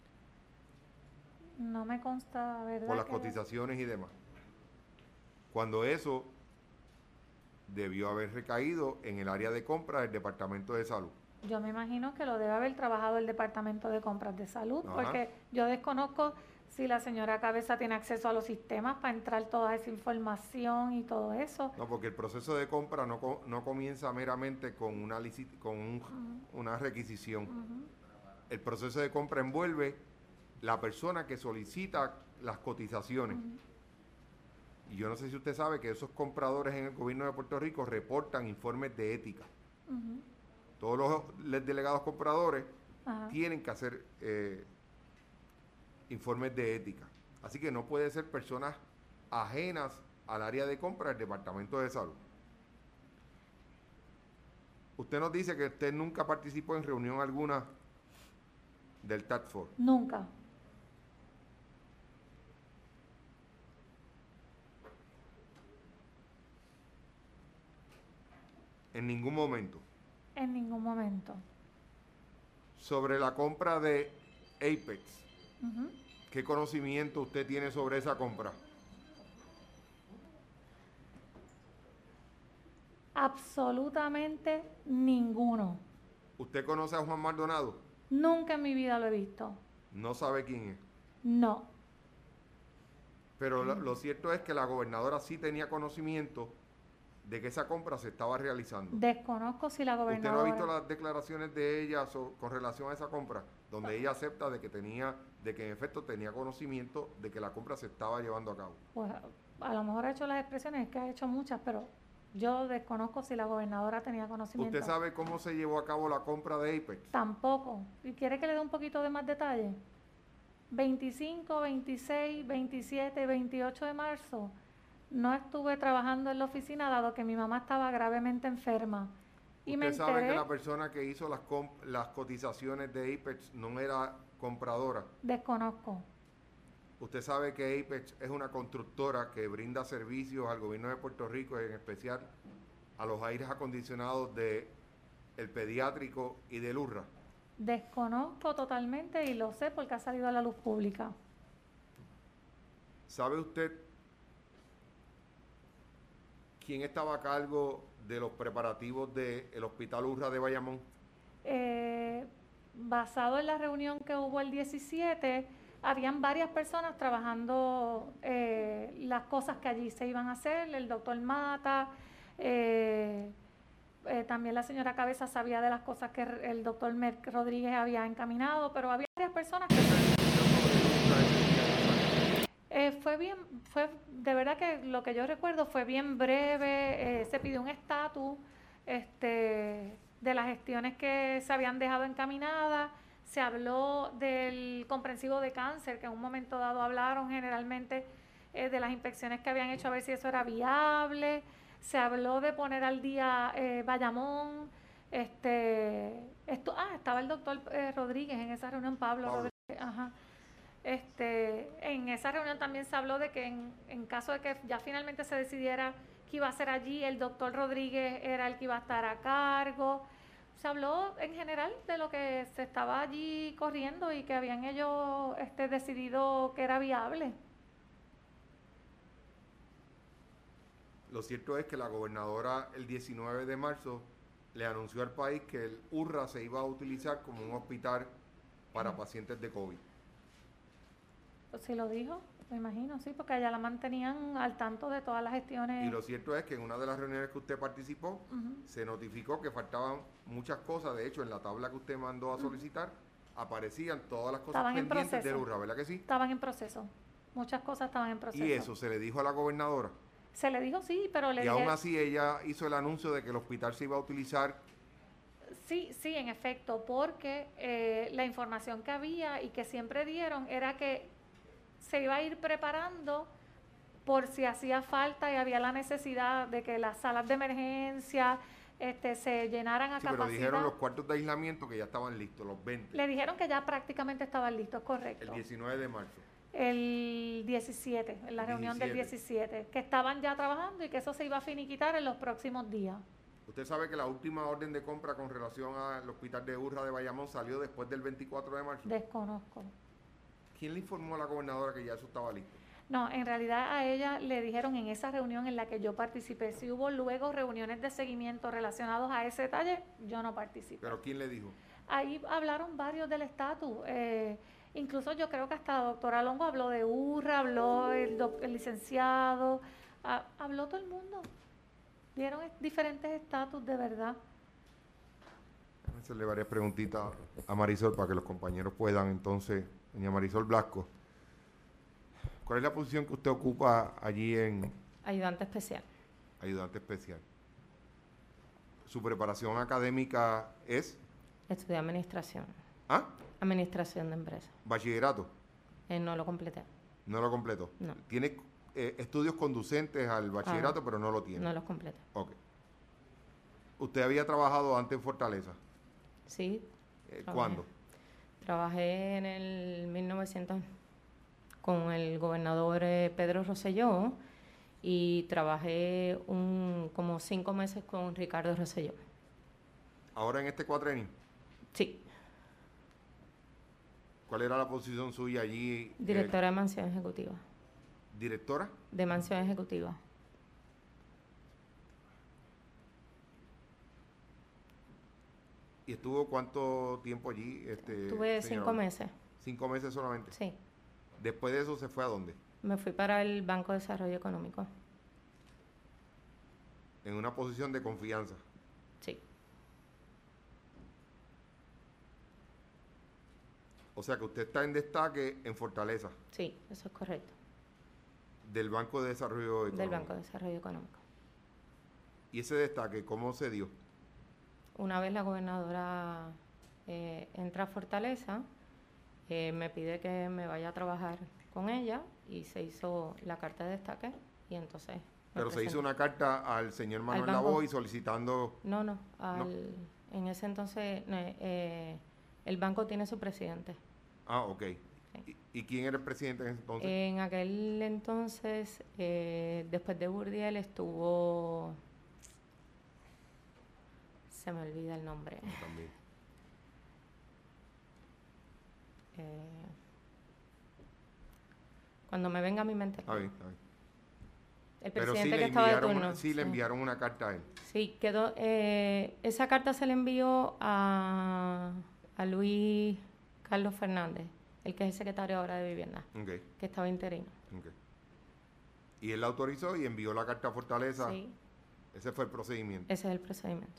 No me consta, ¿verdad? Por las cotizaciones y demás. Cuando eso debió haber recaído en el área de compras del Departamento de Salud. Yo me imagino que lo debe haber trabajado el Departamento de Compras de Salud, Ajá. porque yo desconozco si la señora Cabeza tiene acceso a los sistemas para entrar toda esa información y todo eso. No, porque el proceso de compra no, no comienza meramente con una, con un, uh-huh. una requisición. Uh-huh. El proceso de compra envuelve la persona que solicita las cotizaciones. Uh-huh. Y yo no sé si usted sabe que esos compradores en el gobierno de Puerto Rico reportan informes de ética. Uh-huh. Todos los delegados compradores uh-huh. tienen que hacer eh, informes de ética. Así que no puede ser personas ajenas al área de compra del Departamento de Salud. Usted nos dice que usted nunca participó en reunión alguna del Task Force. Nunca. En ningún momento. En ningún momento. Sobre la compra de Apex, uh-huh. ¿qué conocimiento usted tiene sobre esa compra? Absolutamente ninguno. ¿Usted conoce a Juan Maldonado? Nunca en mi vida lo he visto. ¿No sabe quién es? No. Pero lo, lo cierto es que la gobernadora sí tenía conocimiento de que esa compra se estaba realizando. Desconozco si la gobernadora... ¿Usted no ha visto las declaraciones de ella so, con relación a esa compra? Donde no. ella acepta de que tenía, de que en efecto tenía conocimiento de que la compra se estaba llevando a cabo. Pues a lo mejor ha hecho las expresiones, es que ha hecho muchas, pero yo desconozco si la gobernadora tenía conocimiento. ¿Usted sabe cómo se llevó a cabo la compra de Apex? Tampoco. ¿Y quiere que le dé un poquito de más detalle? veinticinco, veintiséis, veintisiete, veintiocho de marzo... No estuve trabajando en la oficina dado que mi mamá estaba gravemente enferma. Y ¿Usted me enteré, sabe que la persona que hizo las, las cotizaciones de Apex no era compradora? Desconozco. ¿Usted sabe que Apex es una constructora que brinda servicios al gobierno de Puerto Rico, en especial a los aires acondicionados de el pediátrico y del U R R A? Desconozco totalmente y lo sé porque ha salido a la luz pública. ¿Sabe usted quién estaba a cargo de los preparativos del Hospital U R R A de Bayamón? Eh, basado en la reunión que hubo el diecisiete, habían varias personas trabajando eh, las cosas que allí se iban a hacer. El doctor Mata, eh, eh, también la señora Cabeza sabía de las cosas que el doctor Merck Rodríguez había encaminado, pero había varias personas que... Eh, fue bien, fue de verdad que lo que yo recuerdo fue bien breve, eh, se pidió un estatus este, de las gestiones que se habían dejado encaminadas, se habló del comprensivo de cáncer, que en un momento dado hablaron generalmente eh, de las inspecciones que habían hecho a ver si eso era viable, se habló de poner al día eh, Bayamón, este, esto, ah, estaba el doctor eh, Rodríguez en esa reunión, Pablo, Pablo. Rodríguez, ajá. Este, en esa reunión también se habló de que en, en caso de que ya finalmente se decidiera que iba a ser allí, el doctor Rodríguez era el que iba a estar a cargo. Se habló en general de lo que se estaba allí corriendo y que habían ellos este, decidido que era viable. Lo cierto es que la gobernadora el diecinueve de marzo le anunció al país que el U R R A se iba a utilizar como un hospital para uh-huh. pacientes de COVID. Pues sí lo dijo, me imagino, sí, porque allá la mantenían al tanto de todas las gestiones. Y lo cierto es que en una de las reuniones que usted participó, uh-huh. se notificó que faltaban muchas cosas. De hecho, en la tabla que usted mandó a solicitar, uh-huh. aparecían todas las cosas estaban pendientes del U R R A, ¿verdad que sí? Estaban en proceso, muchas cosas estaban en proceso. ¿Y eso se le dijo a la gobernadora? Se le dijo sí, pero le Y dije... aún así ella hizo el anuncio de que el hospital se iba a utilizar. Sí, sí, en efecto, porque eh, la información que había y que siempre dieron era que se iba a ir preparando por si hacía falta y había la necesidad de que las salas de emergencia este, se llenaran a sí, capacidad. Pero dijeron los cuartos de aislamiento que ya estaban listos, los veinte. Le dijeron que ya prácticamente estaban listos, correcto. El diecinueve de marzo. El diecisiete, en la el reunión diecisiete. Del diecisiete, que estaban ya trabajando y que eso se iba a finiquitar en los próximos días. Usted sabe que la última orden de compra con relación al hospital de U R R A de Bayamón salió después del veinticuatro de marzo. Desconozco. ¿Quién le informó a la gobernadora que ya eso estaba listo? No, en realidad a ella le dijeron en esa reunión en la que yo participé. Si hubo luego reuniones de seguimiento relacionados a ese detalle, yo no participé. ¿Pero quién le dijo? Ahí hablaron varios del estatus. Eh, incluso yo creo que hasta la doctora Longo habló de U R R A, habló el, doc, el licenciado, a, habló todo el mundo. Dieron diferentes estatus de verdad. Voy a hacerle varias preguntitas a Marisol para que los compañeros puedan entonces doña Marisol Blasco. ¿Cuál es la posición que usted ocupa allí en Ayudante especial. ayudante especial? ¿Su preparación académica es? Estudié administración. ¿Ah? Administración de empresas. ¿Bachillerato? Eh, no lo completé. ¿No lo completó? No. ¿Tiene eh, estudios conducentes al bachillerato, Ah, pero no lo tiene? No los completé. Ok. ¿Usted había trabajado antes en Fortaleza? Sí. Eh, trabajé. ¿Cuándo? Trabajé en el mil novecientos con el gobernador eh, Pedro Rosselló y trabajé un, como cinco meses con Ricardo Rosselló. ¿Ahora en este cuatrenio? Sí. ¿Cuál era la posición suya allí? Directora eh, de mansión ejecutiva. ¿Directora? De mansión ejecutiva. ¿Y estuvo cuánto tiempo allí? Este, Tuve señora? cinco meses. ¿Cinco meses solamente? Sí. Después de eso, ¿se fue a dónde? Me fui para el Banco de Desarrollo Económico. En una posición de confianza. Sí. O sea que usted está en destaque en Fortaleza, Sí, eso es correcto. del Banco de Desarrollo Económico. Del Banco de Desarrollo Económico. ¿Y ese destaque cómo se dio? Una vez la gobernadora eh, entra a Fortaleza, eh, me pide que me vaya a trabajar con ella y se hizo la carta de destaque y entonces... me Pero se hizo presenté. una carta al señor Manuel banco. Lavoy solicitando... No, no, al- No. en ese entonces eh, eh, el banco tiene su presidente. Ah, ok. Sí. ¿Y, y quién era el presidente en ese entonces? En aquel entonces, eh, después de Burdiel, estuvo... Se me olvida el nombre. También. Eh, cuando me venga a mi mente. Está bien, está bien. El Pero sí presidente le, que estaba de enviaron, turno. una- sí le enviaron una carta a él. Sí, quedó. Eh, esa carta se le envió a, a Luis Carlos Fernández, el que es el secretario ahora de Vivienda, Ok, que estaba interino. ok. Y él la autorizó y envió la carta a Fortaleza. Sí, Ese fue el procedimiento. ese es el procedimiento.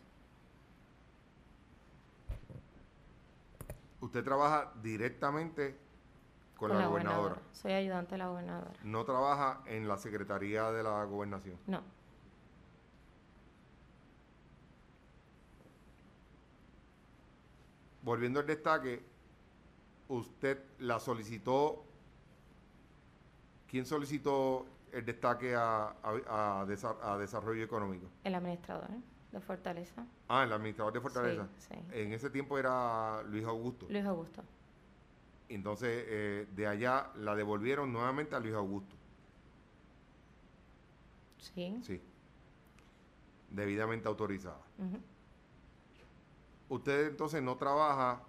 Usted trabaja directamente con, la, gobernadora. Soy ayudante de la gobernadora. No trabaja en la Secretaría de la Gobernación. No, Volviendo al destaque, usted la solicitó. ¿Quién solicitó el destaque a, a- a desa- a Desarrollo Económico? el administrador de Fortaleza. Ah, el administrador de Fortaleza. Sí, sí. En ese tiempo era Luis Augusto. Luis Augusto. Entonces, eh, de allá la devolvieron nuevamente a Luis Augusto. Sí. Sí. Debidamente autorizada. Ujú. Usted entonces no trabaja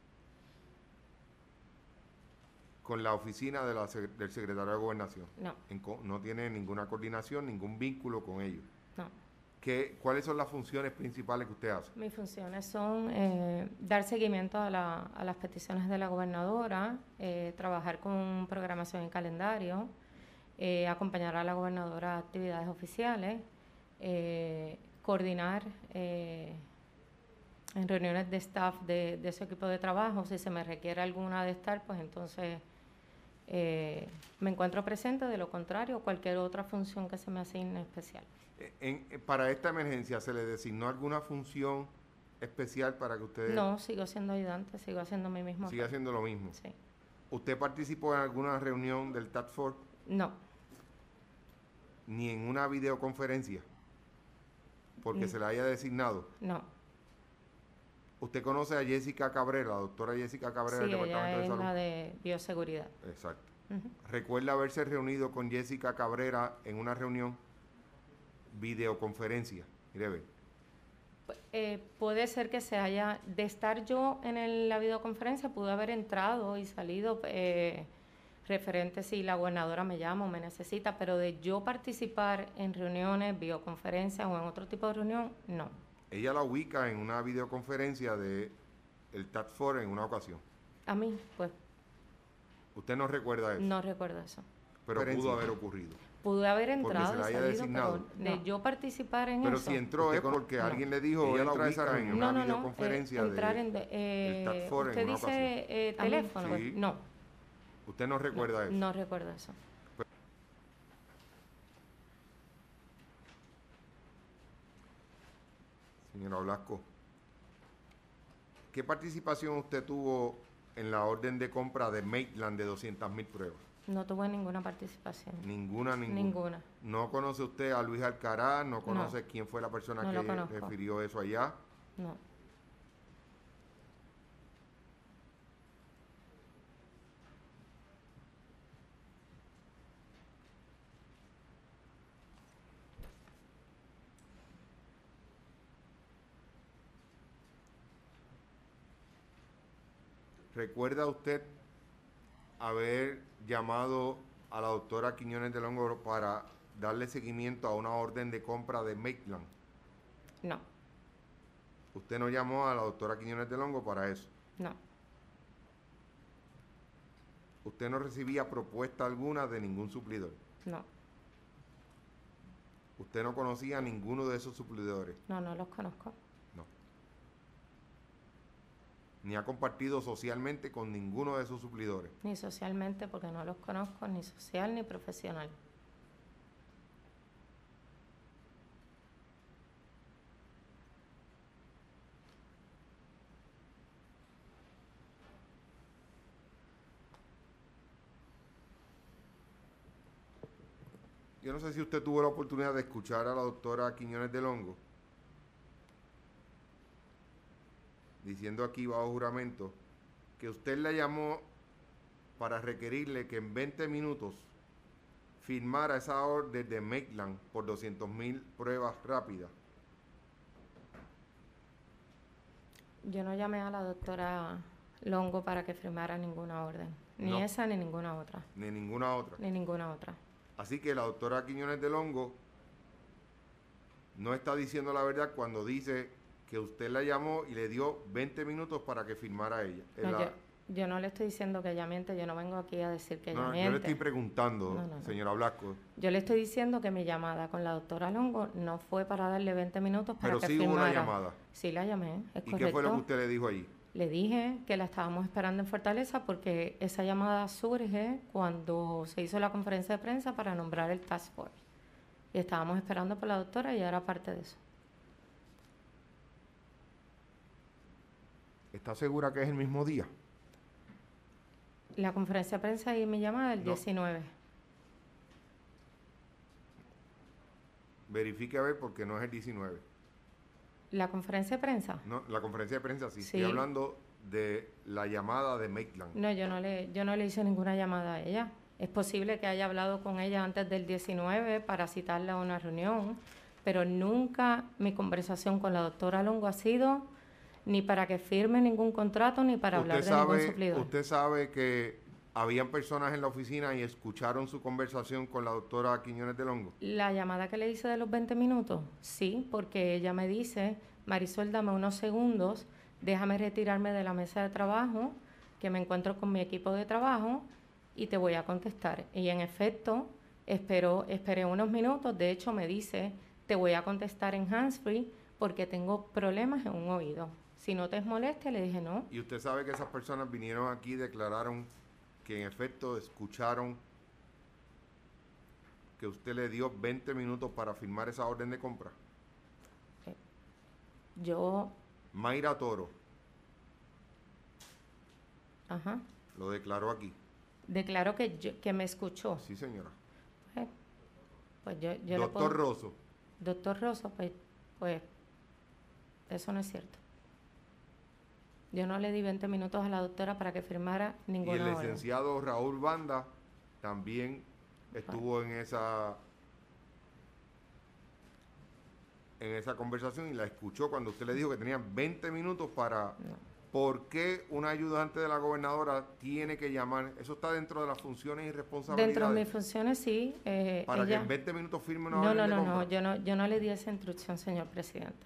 con la oficina de la sec- del secretario de Gobernación. No, En co- no tiene ninguna coordinación, ningún vínculo con ellos. no. ¿Qué, ¿Cuáles son las funciones principales que usted hace? Mis funciones son eh, dar seguimiento a, la- a las peticiones de la gobernadora, eh, trabajar con programación y calendario, eh, acompañar a la gobernadora a actividades oficiales, eh, coordinar eh, en reuniones de staff de, de su equipo de trabajo. Si se me requiere alguna de estar, pues entonces eh, me encuentro presente. De lo contrario, cualquier otra función que se me asigne especial. Eh, en- eh, para esta emergencia, ¿se le designó alguna función especial para que usted No, sigo siendo ayudante, sigo haciendo mi mismo siga papel. haciendo lo mismo? Sí. ¿Usted participó en alguna reunión del Task Force No, ni en una videoconferencia porque Mm. se le haya designado? no. ¿Usted conoce a Jessica Cabrera, la doctora Jessica Cabrera Sí, del ella Departamento de es Salud? la de bioseguridad. Exacto. Ujú. ¿Recuerda haberse reunido con Jessica Cabrera en una reunión videoconferencia? Mire, ve. Pu- eh, puede ser que se haya, de estar yo en el- la videoconferencia, pude haber entrado y salido eh, referente si la gobernadora me llama o me necesita, pero de yo participar en reuniones, videoconferencias o en otro tipo de reunión, no. Ella la ubica en una videoconferencia de el Task Force en una ocasión. A mí, pues, ¿Usted no recuerda eso? no recuerdo eso. Pero pudo haber ocurrido. Pude haber Porque entrado se y la haya salido, designado. pero de No. yo participar en Pero eso. si entró es porque No. alguien le dijo, Ella la entra a esa ubica reunión, en una No, no, no. videoconferencia eh, entrar de... en de- eh, Task Force usted en una dice eh, A mí, teléfono. sí. No, ¿Usted no recuerda no, eso? No recuerdo eso. Señora Blasco, ¿qué participación usted tuvo en la orden de compra de Maitland de doscientas mil pruebas? No tuve ninguna participación. Ninguna, ninguna. Ninguna. ¿No conoce usted a Luis Alcaraz? ¿No conoce No, quién fue la persona no lo que conozco. refirió eso allá? No. ¿Recuerda usted haber llamado a la doctora Quiñones de Longo para darle seguimiento a una orden de compra de Maitland? No. ¿Usted no llamó a la doctora Quiñones de Longo para eso? No. ¿Usted no recibía propuesta alguna de ningún suplidor? No. ¿Usted no conocía a ninguno de esos suplidores? No, no los conozco. No. Ni ha compartido socialmente con ninguno de esos suplidores. Ni socialmente, porque no los conozco, ni social ni profesional. Yo no sé si usted tuvo la oportunidad de escuchar a la doctora Quiñones de Longo diciendo aquí bajo juramento que usted la llamó para requerirle que en veinte minutos firmara esa orden de Maitland por doscientas mil pruebas rápidas. Yo no llamé a la doctora Longo para que firmara ninguna orden. Ni No. esa ni ninguna otra. Ni ninguna otra. Ni ninguna otra. Así que la doctora Quiñones de Longo no está diciendo la verdad cuando dice que usted la llamó y le dio veinte minutos para que firmara ella. No, La, yo, yo no le estoy diciendo que ella miente, yo no vengo aquí a decir que ella no, miente. yo le estoy preguntando, No, no, no. señora Blasco. Yo le estoy diciendo que mi llamada con la doctora Longo no fue para darle veinte minutos para Pero que sí firmara. hubo una llamada. Sí la llamé, es ¿Y correcto. qué fue lo que usted le dijo allí? Le dije que la estábamos esperando en Fortaleza porque esa llamada surge cuando se hizo la conferencia de prensa para nombrar el task force. Y estábamos esperando por la doctora y ella era parte de eso. ¿Está segura que es el mismo día? La conferencia de prensa y mi llamada el No. diecinueve. Verifique a ver porque no es el diecinueve. ¿La conferencia de prensa? No, la conferencia de prensa sí. Sí. Estoy hablando de la llamada de Maitland. No, yo no le, yo no le hice ninguna llamada a ella. Es posible que haya hablado con ella antes del diecinueve para citarla a una reunión, pero nunca mi conversación con la doctora Longo ha sido ni para que firme ningún contrato ni para hablar de ningún suplidor. Usted sabe que habían personas en la oficina y escucharon su conversación con la doctora Quiñones de Longo. La llamada que le hice de los veinte minutos, sí, porque ella me dice, Marisol, dame unos segundos, déjame retirarme de la mesa de trabajo, que me encuentro con mi equipo de trabajo y te voy a contestar. Y en efecto, esperó, esperé unos minutos, de hecho me dice, te voy a contestar en handsfree porque tengo problemas en un oído. Si no te molesta, le dije no. Y usted sabe que esas personas vinieron aquí y declararon que en efecto escucharon que usted le dio veinte minutos para firmar esa orden de compra. Eh, Yo, Mayra Toro ajá, lo declaró aquí. declaro que, yo, que me escuchó. Sí, señora. Pues, pues yo, yo le Doctor puedo- Rosso, Doctor Rosso, pues, pues eso no es cierto. Yo no le di veinte minutos a la doctora para que firmara y ninguna el orden. licenciado Raúl Banda también estuvo en esa en esa conversación y la escuchó cuando usted le dijo que tenía veinte minutos para... No. ¿Por qué un ayudante de la gobernadora tiene que llamar? Eso está dentro de las funciones y responsabilidades. Dentro de mis funciones, sí. Eh, Para ella... que en veinte minutos firme una No, orden no, de no, compra. no, yo no, yo no le di esa instrucción, señor presidente.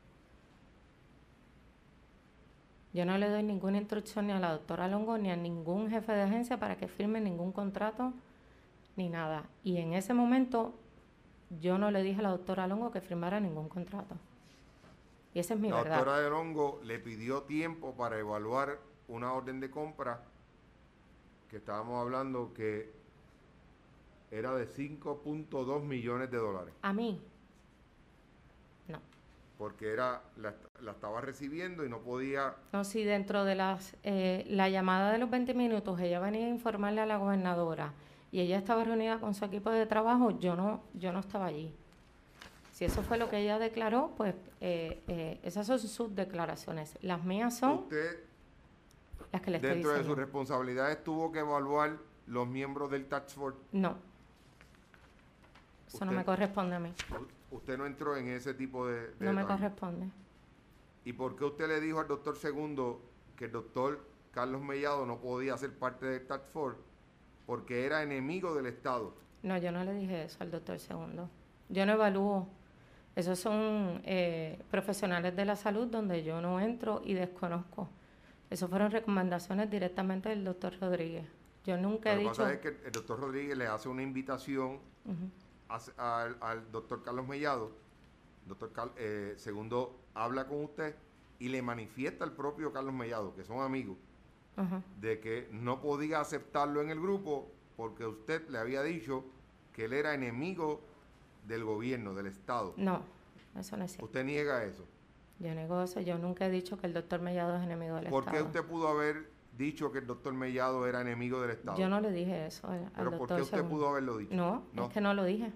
Yo no le doy ninguna instrucción ni a la doctora Longo ni a ningún jefe de agencia para que firme ningún contrato ni nada. Y en ese momento yo no le dije a la doctora Longo que firmara ningún contrato. Y esa es mi La verdad. doctora de Longo le pidió tiempo para evaluar una orden de compra que estábamos hablando que era de cinco punto dos millones de dólares. ¿A mí? No. Porque era la, la estaba recibiendo y no podía... No, si dentro de las eh, la llamada de los veinte minutos ella venía a informarle a la gobernadora y ella estaba reunida con su equipo de trabajo, yo no, yo no estaba allí. Si eso fue lo que ella declaró, pues eh, eh, esas son sus declaraciones. Las mías son Usted, las que le estoy dentro de diciendo. sus responsabilidades, tuvo que evaluar los miembros del Task Force. No. Eso no Usted- me corresponde a mí. Usted no entró en ese tipo de, de No me detalle. corresponde. ¿Y por qué usted le dijo al doctor Segundo que el doctor Carlos Mellado no podía ser parte del Task Force porque era enemigo del Estado? No, yo no le dije eso al doctor Segundo. Yo no evalúo. Esos son eh, profesionales de la salud donde yo no entro y desconozco. Esas fueron recomendaciones directamente del doctor Rodríguez. Yo nunca Lo he que dicho... pasa es que el doctor Rodríguez le hace una invitación Ujú. a- al, al doctor Carlos Mellado. Doctor Cal- eh, Segundo habla con usted y le manifiesta al propio Carlos Mellado, que son amigos, Ajá. de que no podía aceptarlo en el grupo porque usted le había dicho que él era enemigo del gobierno, del Estado. No, eso no es cierto. Usted niega eso. Yo nego eso. Yo nunca he dicho que el doctor Mellado es enemigo del ¿Por qué Estado. usted pudo haber dicho que el doctor Mellado era enemigo del Estado? Yo no le dije eso al, al ¿Pero doctor por qué usted Segundo. pudo haberlo dicho? No, es que no lo dije.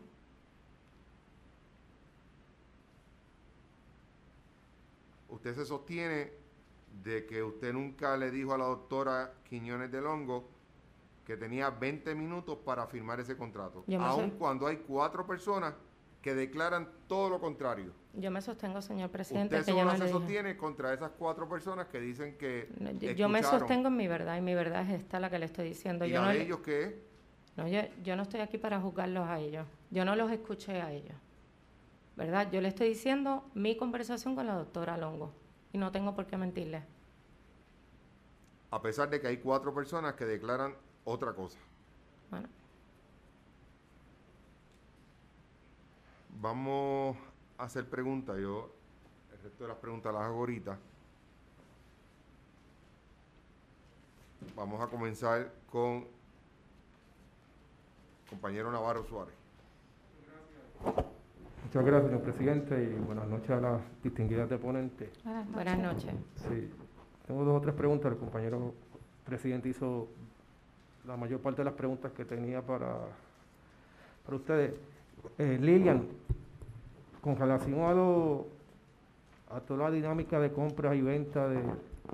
Usted se sostiene de que usted nunca le dijo a la doctora Quiñones del Hongo que tenía veinte minutos para firmar ese contrato, Yo me aun sé- cuando hay cuatro personas que declaran todo lo contrario. Yo me sostengo, señor presidente, Usted que yo solo no le se dije. sostiene contra esas cuatro personas que dicen que No, yo, yo me escucharon. sostengo en mi verdad y mi verdad es esta la que le estoy diciendo. ¿Y Yo la no, de le- ellos qué es? no, yo, yo no estoy aquí para juzgarlos a ellos. Yo no los escuché a ellos. ¿Verdad? Yo le estoy diciendo mi conversación con la doctora Longo y no tengo por qué mentirle. A pesar de que hay cuatro personas que declaran otra cosa. Bueno, Vamos a hacer preguntas. Yo el resto de las preguntas las hago ahorita. Vamos a comenzar con compañero Navarro Suárez. Muchas gracias, señor presidente, y buenas noches a las distinguidas deponentes. buenas noches. Sí, tengo dos o tres preguntas. El compañero presidente hizo la mayor parte de las preguntas que tenía para, para ustedes. Eh, Lilian, con relación a, lo, a toda la dinámica de compras y venta de,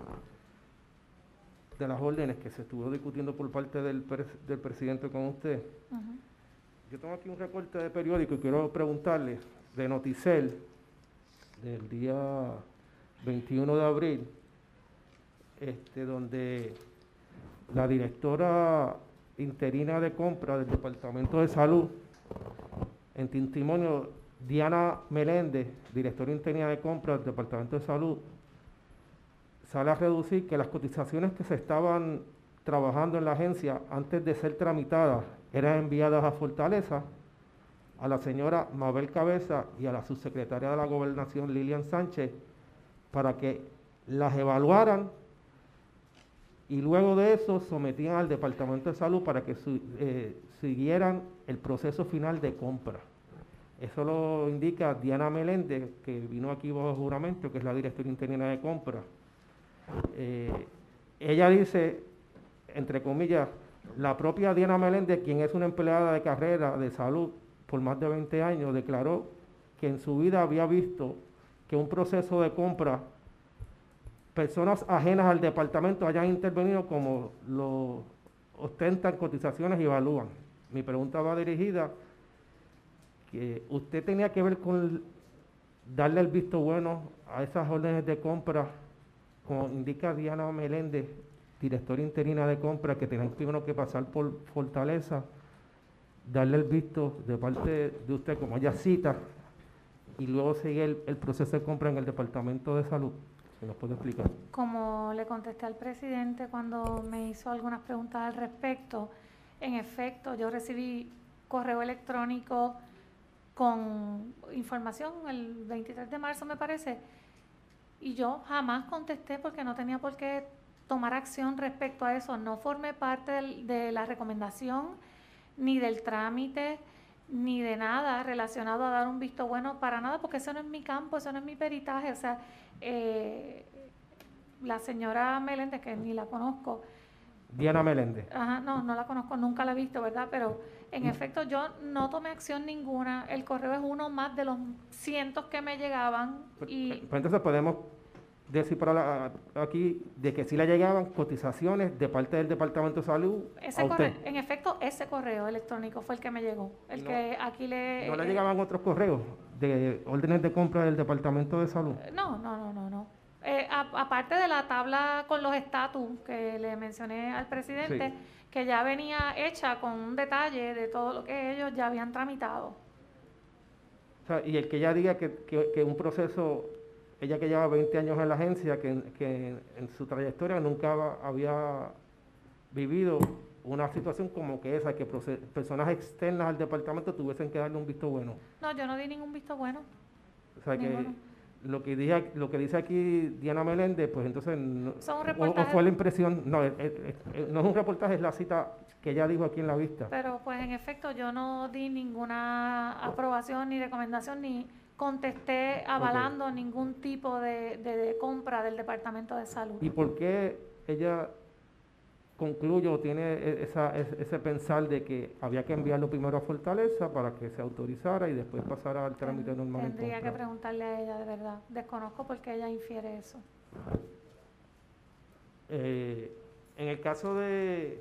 de las órdenes que se estuvo discutiendo por parte del, pres- del presidente con usted, Ujú. yo tengo aquí un recorte de periódico y quiero preguntarle de Noticel del día veintiuno de abril, este, donde la directora interina de compra del Departamento de Salud, en testimonio Diana Meléndez, directora interina de compra del Departamento de Salud, sale a reducir que las cotizaciones que se estaban trabajando en la agencia antes de ser tramitadas eran enviadas a Fortaleza, a la señora Mabel Cabeza y a la subsecretaria de la Gobernación Lilian Sánchez para que las evaluaran y luego de eso sometían al Departamento de Salud para que su- eh, siguieran el proceso final de compra. Eso lo indica Diana Meléndez, que vino aquí bajo juramento, que es la directora interina de compra. Eh, ella dice, entre comillas, la propia Diana Meléndez, quien es una empleada de carrera de salud por más de veinte años, declaró que en su vida había visto que un proceso de compra, personas ajenas al departamento hayan intervenido como lo ostentan cotizaciones y evalúan. Mi pregunta va dirigida que usted tenía que ver con darle el visto bueno a esas órdenes de compra, como indica Diana Meléndez, directora interina de compra, que tenían primero que pasar por Fortaleza, darle el visto de parte de usted, como ella cita, y luego seguir el, el proceso de compra en el Departamento de Salud. ¿Se nos puede explicar? Como le contesté al presidente cuando me hizo algunas preguntas al respecto, en efecto, yo recibí correo electrónico con información el veintitrés de marzo, me parece, y yo jamás contesté porque no tenía por qué tomar acción respecto a eso. No formé parte del, de la recomendación, ni del trámite, ni de nada relacionado a dar un visto bueno para nada, porque eso no es mi campo, eso no es mi peritaje. O sea, eh, la señora Meléndez, que ni la conozco. Diana Meléndez. Ajá, no, no la conozco, nunca la he visto, ¿verdad? Pero en Mm. efecto yo no tomé acción ninguna. El correo es uno más de los cientos que me llegaban Pues, y pues entonces podemos decir para la- aquí de que sí le llegaban cotizaciones de parte del Departamento de Salud a ese usted. correo, en efecto, ese correo electrónico fue el que me llegó. El No, que aquí le... no le eh, llegaban otros correos de órdenes de compra del Departamento de Salud. eh, no, no, no, no, no. Eh, a- aparte de la tabla con los estatus que le mencioné al presidente, Sí. que ya venía hecha con un detalle de todo lo que ellos ya habían tramitado. O sea, y el que ella diga que, que, que un proceso, ella que lleva veinte años en la agencia, que, que en su trayectoria nunca va- había vivido una situación como que esa, que proce- personas externas al departamento tuviesen que darle un visto bueno. No, yo no di ningún visto bueno, O sea que ninguno. lo que, dije, lo que dice aquí Diana Meléndez, pues entonces, no- Son un o, o reportaje, fue la impresión, no, eh, eh, eh, no es un reportaje, es la cita que ella dijo aquí en la vista. pero pues en efecto yo no di ninguna aprobación ni recomendación ni contesté avalando Ok. ningún tipo de, de, de compra del Departamento de Salud. ¿Y por qué ella concluye o tiene e- esa, es- ese pensar de que había que enviarlo primero a Fortaleza para que se autorizara y después pasara al trámite Ten- normal en tendría que compra? preguntarle a ella de verdad. Desconozco por qué ella infiere eso. Eh, en el caso de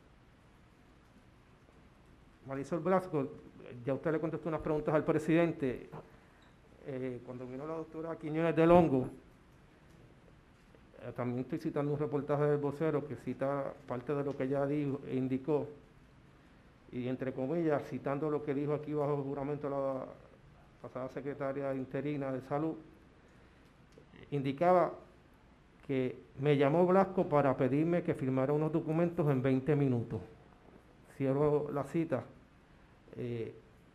Marisol Blasco, ya usted le contestó unas preguntas al presidente. Eh, cuando vino la doctora Quiñones del Hongo, eh, también estoy citando un reportaje del vocero que cita parte de lo que ella dijo e indicó, y entre comillas, citando lo que dijo aquí bajo juramento la pasada secretaria interina de Salud, indicaba que me llamó Blasco para pedirme que firmara unos documentos en veinte minutos. Cierro la cita. Eh,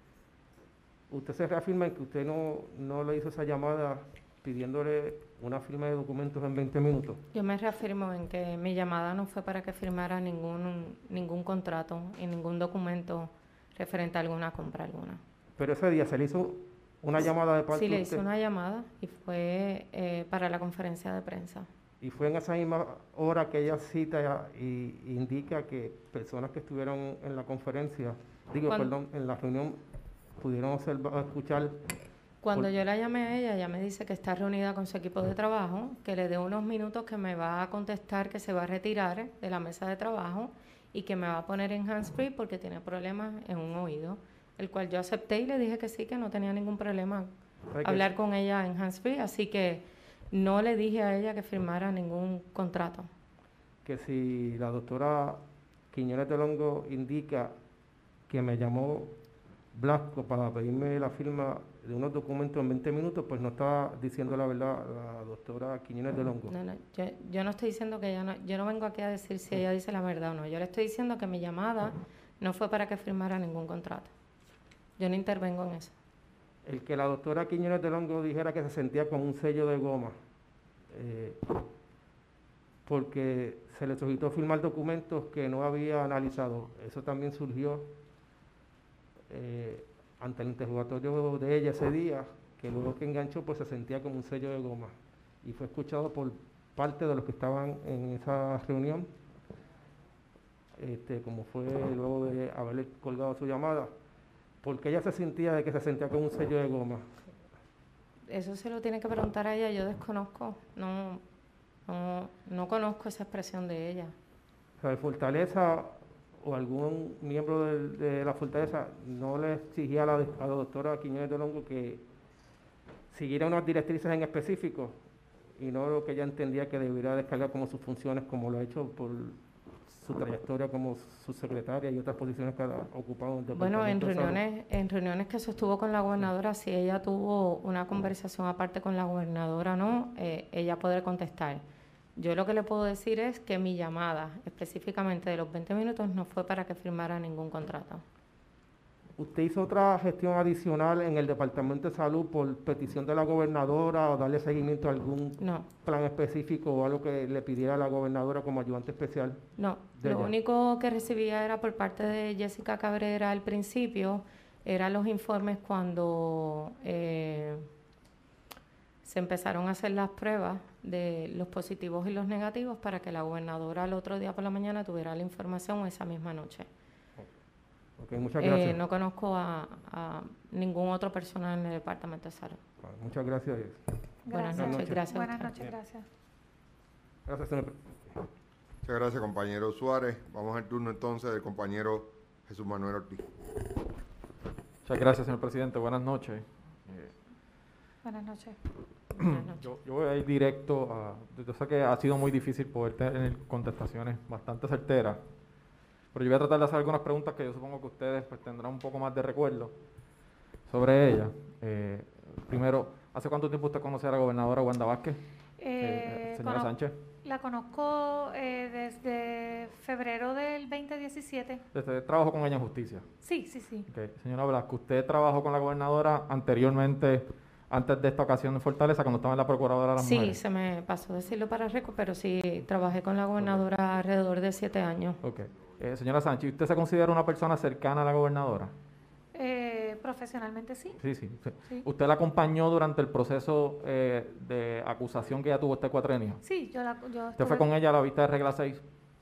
usted se reafirma en que usted no, no le hizo esa llamada pidiéndole una firma de documentos en veinte minutos. Yo me reafirmo en que mi llamada no fue para que firmara ningún, ningún contrato y ningún documento referente a alguna compra alguna. Pero ese día se le hizo una llamada de parte Sí, le de hice usted una llamada y fue eh, para la conferencia de prensa. y fue en esa misma hora que ella cita y indica que personas que estuvieron en la conferencia, digo, Cuando- perdón, en la reunión, pudieron observar, escuchar. Cuando por- yo la llamé a ella, ella me dice que está reunida con su equipo de trabajo, que le dé unos minutos, que me va a contestar que se va a retirar de la mesa de trabajo y que me va a poner en hands-free porque tiene problemas en un oído, el cual yo acepté y le dije que sí, que no tenía ningún problema ¿sabe que- hablar con ella en hands-free, así que no le dije a ella que firmara ningún contrato. que si la doctora Quiñones del Hongo indica que me llamó Blasco para pedirme la firma de unos documentos en veinte minutos, pues no está diciendo la verdad la doctora Quiñones del Hongo. No, no, yo, yo no estoy diciendo que ella no, yo no vengo aquí a decir si ella dice la verdad o no, yo le estoy diciendo que mi llamada no fue para que firmara ningún contrato. Yo no intervengo en eso. El que la doctora Quiñones del Hongo dijera que se sentía con un sello de goma, eh, porque se le solicitó firmar documentos que no había analizado. Eso también surgió eh, ante el interrogatorio de ella ese día, que luego que enganchó pues se sentía como un sello de goma. Y fue escuchado por parte de los que estaban en esa reunión, este, como fue luego de haberle colgado su llamada, porque ella se sentía de que se sentía como un sello de goma. Eso se lo tiene que preguntar a ella, yo desconozco, no, no, no conozco esa expresión de ella. O sea, Fortaleza o algún miembro del- de, la Fortaleza no le exigía a la, a la doctora Quiñones del Hongo que siguiera unas directrices en específico y no lo que ella entendía que debería descargar como sus funciones, como lo ha hecho por su trayectoria como subsecretaria y otras posiciones que ha ocupado en el Bueno, en Departamento de Salud. reuniones, en reuniones que sostuvo con la gobernadora, si ella tuvo una conversación aparte con la gobernadora o no, eh, ella podrá contestar. Yo lo que le puedo decir es que mi llamada, específicamente de los veinte minutos, no fue para que firmara ningún contrato. ¿Usted hizo otra gestión adicional en el Departamento de Salud por petición de la gobernadora o darle seguimiento a algún No, plan específico o algo que le pidiera a la gobernadora como ayudante especial? no. de Lo ella? único que recibía era por parte de Jessica Cabrera al principio, eran los informes cuando eh, se empezaron a hacer las pruebas de los positivos y los negativos para que la gobernadora al otro día por la mañana tuviera la información esa misma noche. Ok, muchas gracias. Eh, no conozco a, a ningún otro personal en el Departamento de Salud. Vale, muchas gracias. Buenas Gracias. noches, gracias. a Buenas usted. noches, gracias. Gracias, señor presidente. Muchas gracias, compañero Suárez. Vamos al turno entonces del compañero Jesús Manuel Ortiz. Muchas gracias, señor presidente. Buenas noches. Eh, Buenas noches. Buenas noches. yo, yo voy a ir directo a... Yo sé que ha sido muy difícil poder tener contestaciones bastante certeras, pero yo voy a tratar de hacer algunas preguntas que yo supongo que ustedes pues, tendrán un poco más de recuerdo sobre ellas. Eh, primero, ¿hace cuánto tiempo usted conoce a la gobernadora Wanda Vázquez? Eh, Eh, señora cono- Sánchez. La conozco eh, desde febrero del veinte diecisiete. Usted trabajó con ella en justicia. Sí, sí, sí. Okay. Señora Blasco, ¿usted trabajó con la gobernadora anteriormente, antes de esta ocasión en Fortaleza, cuando estaba en la Procuradora de las Sí, Mujeres? se me pasó decirlo para récord, pero sí, trabajé con la gobernadora alrededor de siete años. Ok. Eh, señora Sánchez, ¿usted se considera una persona cercana a la gobernadora? Eh, profesionalmente sí. Sí, sí, sí. Sí. ¿Usted la acompañó durante el proceso eh, de acusación que ella tuvo este cuatrenio? Sí, yo la yo ¿Usted fue estuve- con ella a la vista de regla seis?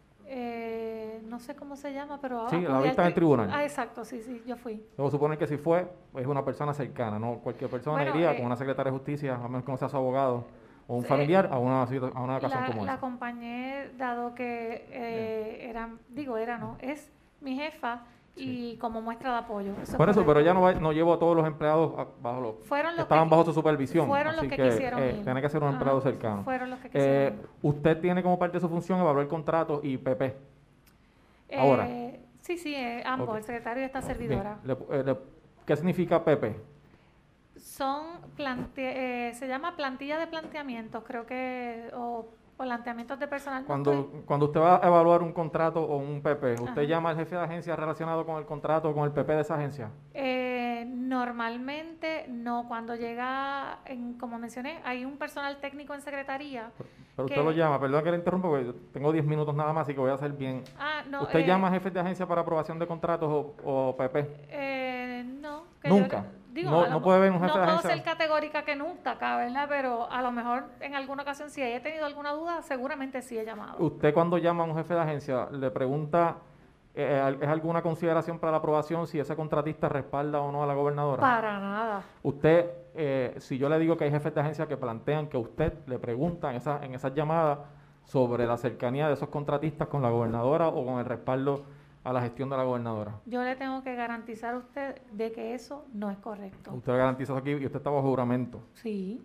eh, no sé cómo se llama, pero Sí, acudí la al vista en el tri- tribunal. Ah, exacto, sí, sí, yo fui. Debo suponer que si fue, es una persona cercana, no cualquier persona Bueno, iría eh, con una secretaria de justicia, a menos que no sea su abogado o un sí, familiar, a una, situ- a una ocasión La, como la esa. acompañé dado que eh, era, digo era, no, es mi jefa y como muestra de apoyo. Eso es Por eso, pero correcto. ella no, va- no llevó a todos los empleados a- bajo los Fueron los estaban que- bajo su supervisión, fueron los así que que, quisieron eh, ir. tiene que ser un Ajá, empleado cercano. fueron los que Eh, quisieron. usted tiene como parte de su función evaluar contratos y P P. ahora. Eh, sí, sí, eh, ambos, Ok. el secretario y esta Bien, servidora. le- eh, le- ¿Qué significa P P? Son, plante- eh, se llama plantilla de planteamientos, creo que, o planteamientos de personal. no Cuando, estoy- cuando usted va a evaluar un contrato o un P P, ¿usted Ajá. llama al jefe de agencia relacionado con el contrato o con el P P de esa agencia? Eh, normalmente no, cuando llega, en, como mencioné, hay un personal técnico en secretaría. Pero usted que- lo llama, perdón que le interrumpa, porque yo tengo diez minutos nada más, así que voy a hacer bien. Ah, no. ¿Usted eh, llama a jefes de agencia para aprobación de contratos o, o P P? Eh, no. que Nunca. yo- digo, No- a lo no mo- puede haber un jefe no de puedo agencia. ser categórica que nunca acá, ¿verdad? Pero a lo mejor en alguna ocasión, si he tenido alguna duda, seguramente sí he llamado. Usted cuando llama a un jefe de agencia, le pregunta, eh, ¿es alguna consideración para la aprobación si ese contratista respalda o no a la gobernadora? Para nada. Usted, eh, si yo le digo que hay jefes de agencia que plantean que usted le pregunta en, esa, en esas llamadas sobre la cercanía de esos contratistas con la gobernadora o con el respaldo a la gestión de la gobernadora. Yo le tengo que garantizar a usted de que eso no es correcto. Usted le garantiza eso aquí y usted está bajo juramento. Sí.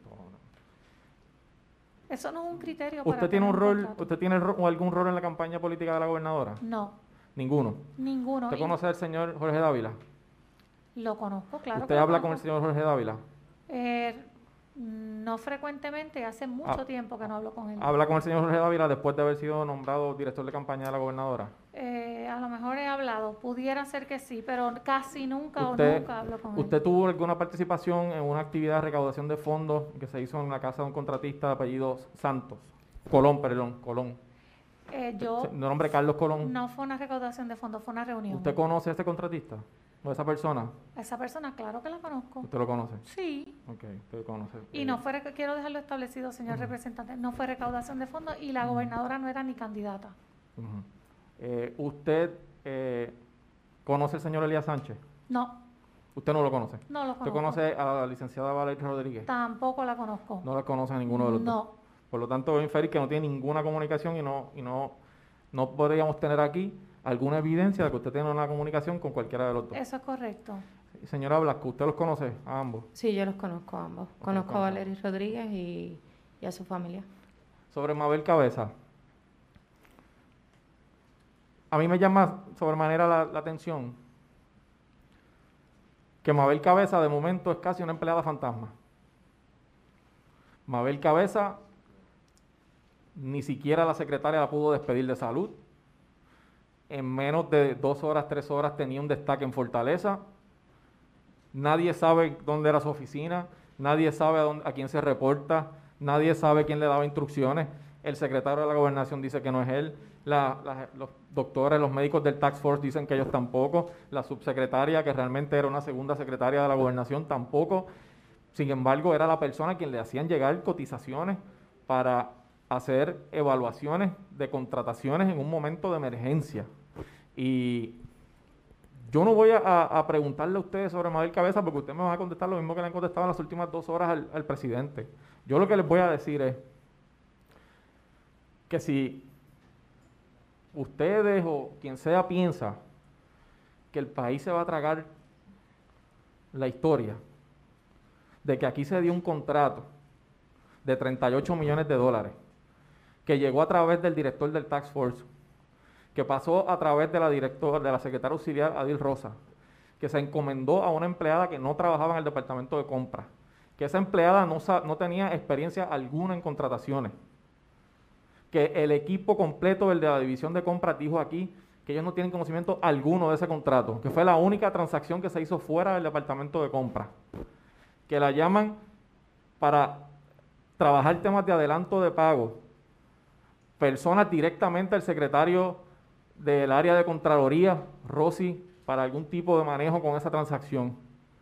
Eso no es un criterio para ¿Usted tiene un tener rol, contrato. usted tiene ro- algún rol en la campaña política de la gobernadora? No, Ninguno. ninguno. ¿Usted Y conoce al señor Jorge Dávila? Lo conozco, claro. ¿Usted que lo habla con el conozco. señor Jorge Dávila? Eh, no frecuentemente, hace mucho Ah, tiempo que no hablo con él. ¿Habla con el señor Jorge Dávila después de haber sido nombrado director de campaña de la gobernadora? Eh, a lo mejor he hablado, pudiera ser que sí, pero casi nunca ¿Usted, o nunca hablo con ¿Usted él. tuvo alguna participación en una actividad de recaudación de fondos que se hizo en la casa de un contratista de apellido Santos? Colón, perdón, Colón. Eh, yo, De nombre Carlos Colón. no fue una recaudación de fondos, fue una reunión. ¿Usted conoce a ese contratista? ¿O a esa persona? A esa persona, claro que la conozco. ¿Usted lo conoce? Sí. Ok, usted lo conoce. Y Eh, no fue, rec- quiero dejarlo establecido, señor representante, no fue recaudación de fondos y la gobernadora no era ni candidata. ujú. Eh, ¿Usted eh, conoce al señor Elías Sánchez? No, ¿Usted no lo conoce? no lo ¿Usted conozco. conoce a la licenciada Valeria Rodríguez? Tampoco la conozco. No la conoce a ninguno de los dos. No. Por lo tanto, voy a inferir que no tiene ninguna comunicación y no y no, no podríamos tener aquí alguna evidencia de que usted tiene una comunicación con cualquiera de los dos. Eso es correcto. Señora Blasco, ¿usted los conoce a ambos? Sí, yo los conozco a ambos. Conozco a Valeria Rodríguez y, y a su familia. Sobre Mabel Cabeza. A mí me llama sobremanera la, la atención que Mabel Cabeza de momento es casi una empleada fantasma. Mabel Cabeza ni siquiera la secretaria la pudo despedir de salud. En menos de dos horas, tres horas tenía un destaque en Fortaleza. Nadie sabe dónde era su oficina, nadie sabe a, dónde, a quién se reporta, nadie sabe quién le daba instrucciones. El secretario de la Gobernación dice que no es él, la, la, los doctores, los médicos del Task Force dicen que ellos tampoco, la subsecretaria, que realmente era una segunda secretaria de la Gobernación, tampoco. Sin embargo, era la persona a quien le hacían llegar cotizaciones para hacer evaluaciones de contrataciones en un momento de emergencia. Y yo no voy a, a preguntarle a ustedes sobre Mabel Cabeza porque ustedes me van a contestar lo mismo que le han contestado en las últimas dos horas al, al presidente. Yo lo que les voy a decir es que si ustedes o quien sea piensa que el país se va a tragar la historia de que aquí se dio un contrato de treinta y ocho millones de dólares que llegó a través del director del Task Force, que pasó a través de la directora, de la secretaria auxiliar Adil Rosa, que se encomendó a una empleada que no trabajaba en el departamento de compras, que esa empleada no, no tenía experiencia alguna en contrataciones, que el equipo completo del de la división de compras dijo aquí que ellos no tienen conocimiento alguno de ese contrato, que fue la única transacción que se hizo fuera del departamento de compras, que la llaman para trabajar temas de adelanto de pago, personas directamente al secretario del área de Contraloría, Rossi, para algún tipo de manejo con esa transacción.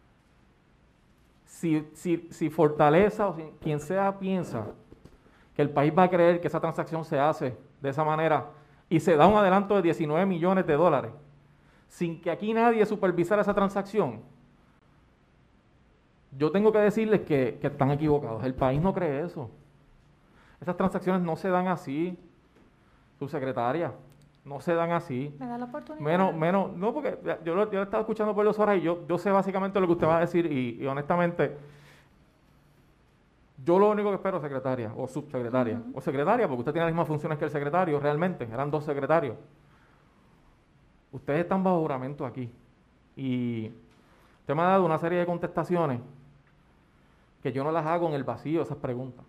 Si, si, si Fortaleza o si, quien sea piensa que el país va a creer que esa transacción se hace de esa manera y se da un adelanto de diecinueve millones de dólares sin que aquí nadie supervisara esa transacción, yo tengo que decirles que, que están equivocados. El país no cree eso. Esas transacciones no se dan así, subsecretaria. No se dan así. ¿Me da la oportunidad? Menos, menos, no, porque yo lo, yo lo he estado escuchando por dos horas y yo, yo sé básicamente lo que usted va a decir y, y honestamente, yo lo único que espero, secretaria o subsecretaria, uh-huh. o secretaria, porque usted tiene las mismas funciones que el secretario, realmente, eran dos secretarios. Ustedes están bajo juramento aquí y usted me ha dado una serie de contestaciones que yo no las hago en el vacío, esas preguntas.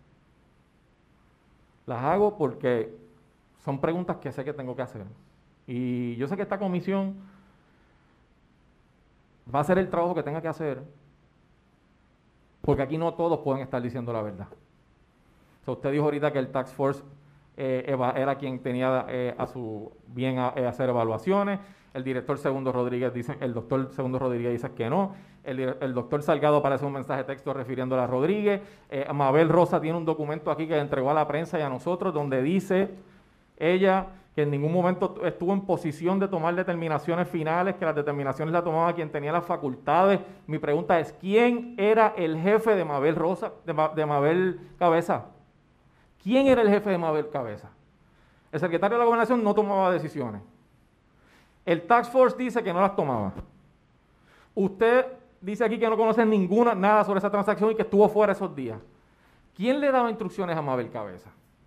Las hago porque son preguntas que sé que tengo que hacer. Y yo sé que esta comisión va a hacer el trabajo que tenga que hacer, porque aquí no todos pueden estar diciendo la verdad. O sea, usted dijo ahorita que el Task Force eh, eva, era quien tenía eh, a su bien a, a hacer evaluaciones. El director Segundo Rodríguez dice, el doctor Segundo Rodríguez dice que no. El, el doctor Salgado aparece un mensaje de texto refiriéndole a Rodríguez. Eh, Mabel Rosa tiene un documento aquí que entregó a la prensa y a nosotros donde dice ella que en ningún momento estuvo en posición de tomar determinaciones finales, que las determinaciones las tomaba quien tenía las facultades. Mi pregunta es, ¿quién era el jefe de Mabel Rosa, de, de Mabel Cabeza? ¿Quién era el jefe de Mabel Cabeza? El secretario de la Gobernación no tomaba decisiones. El Task Force dice que no las tomaba. Usted dice aquí que no conoce ninguna, nada sobre esa transacción y que estuvo fuera esos días. ¿Quién le daba instrucciones a Mabel Cabeza?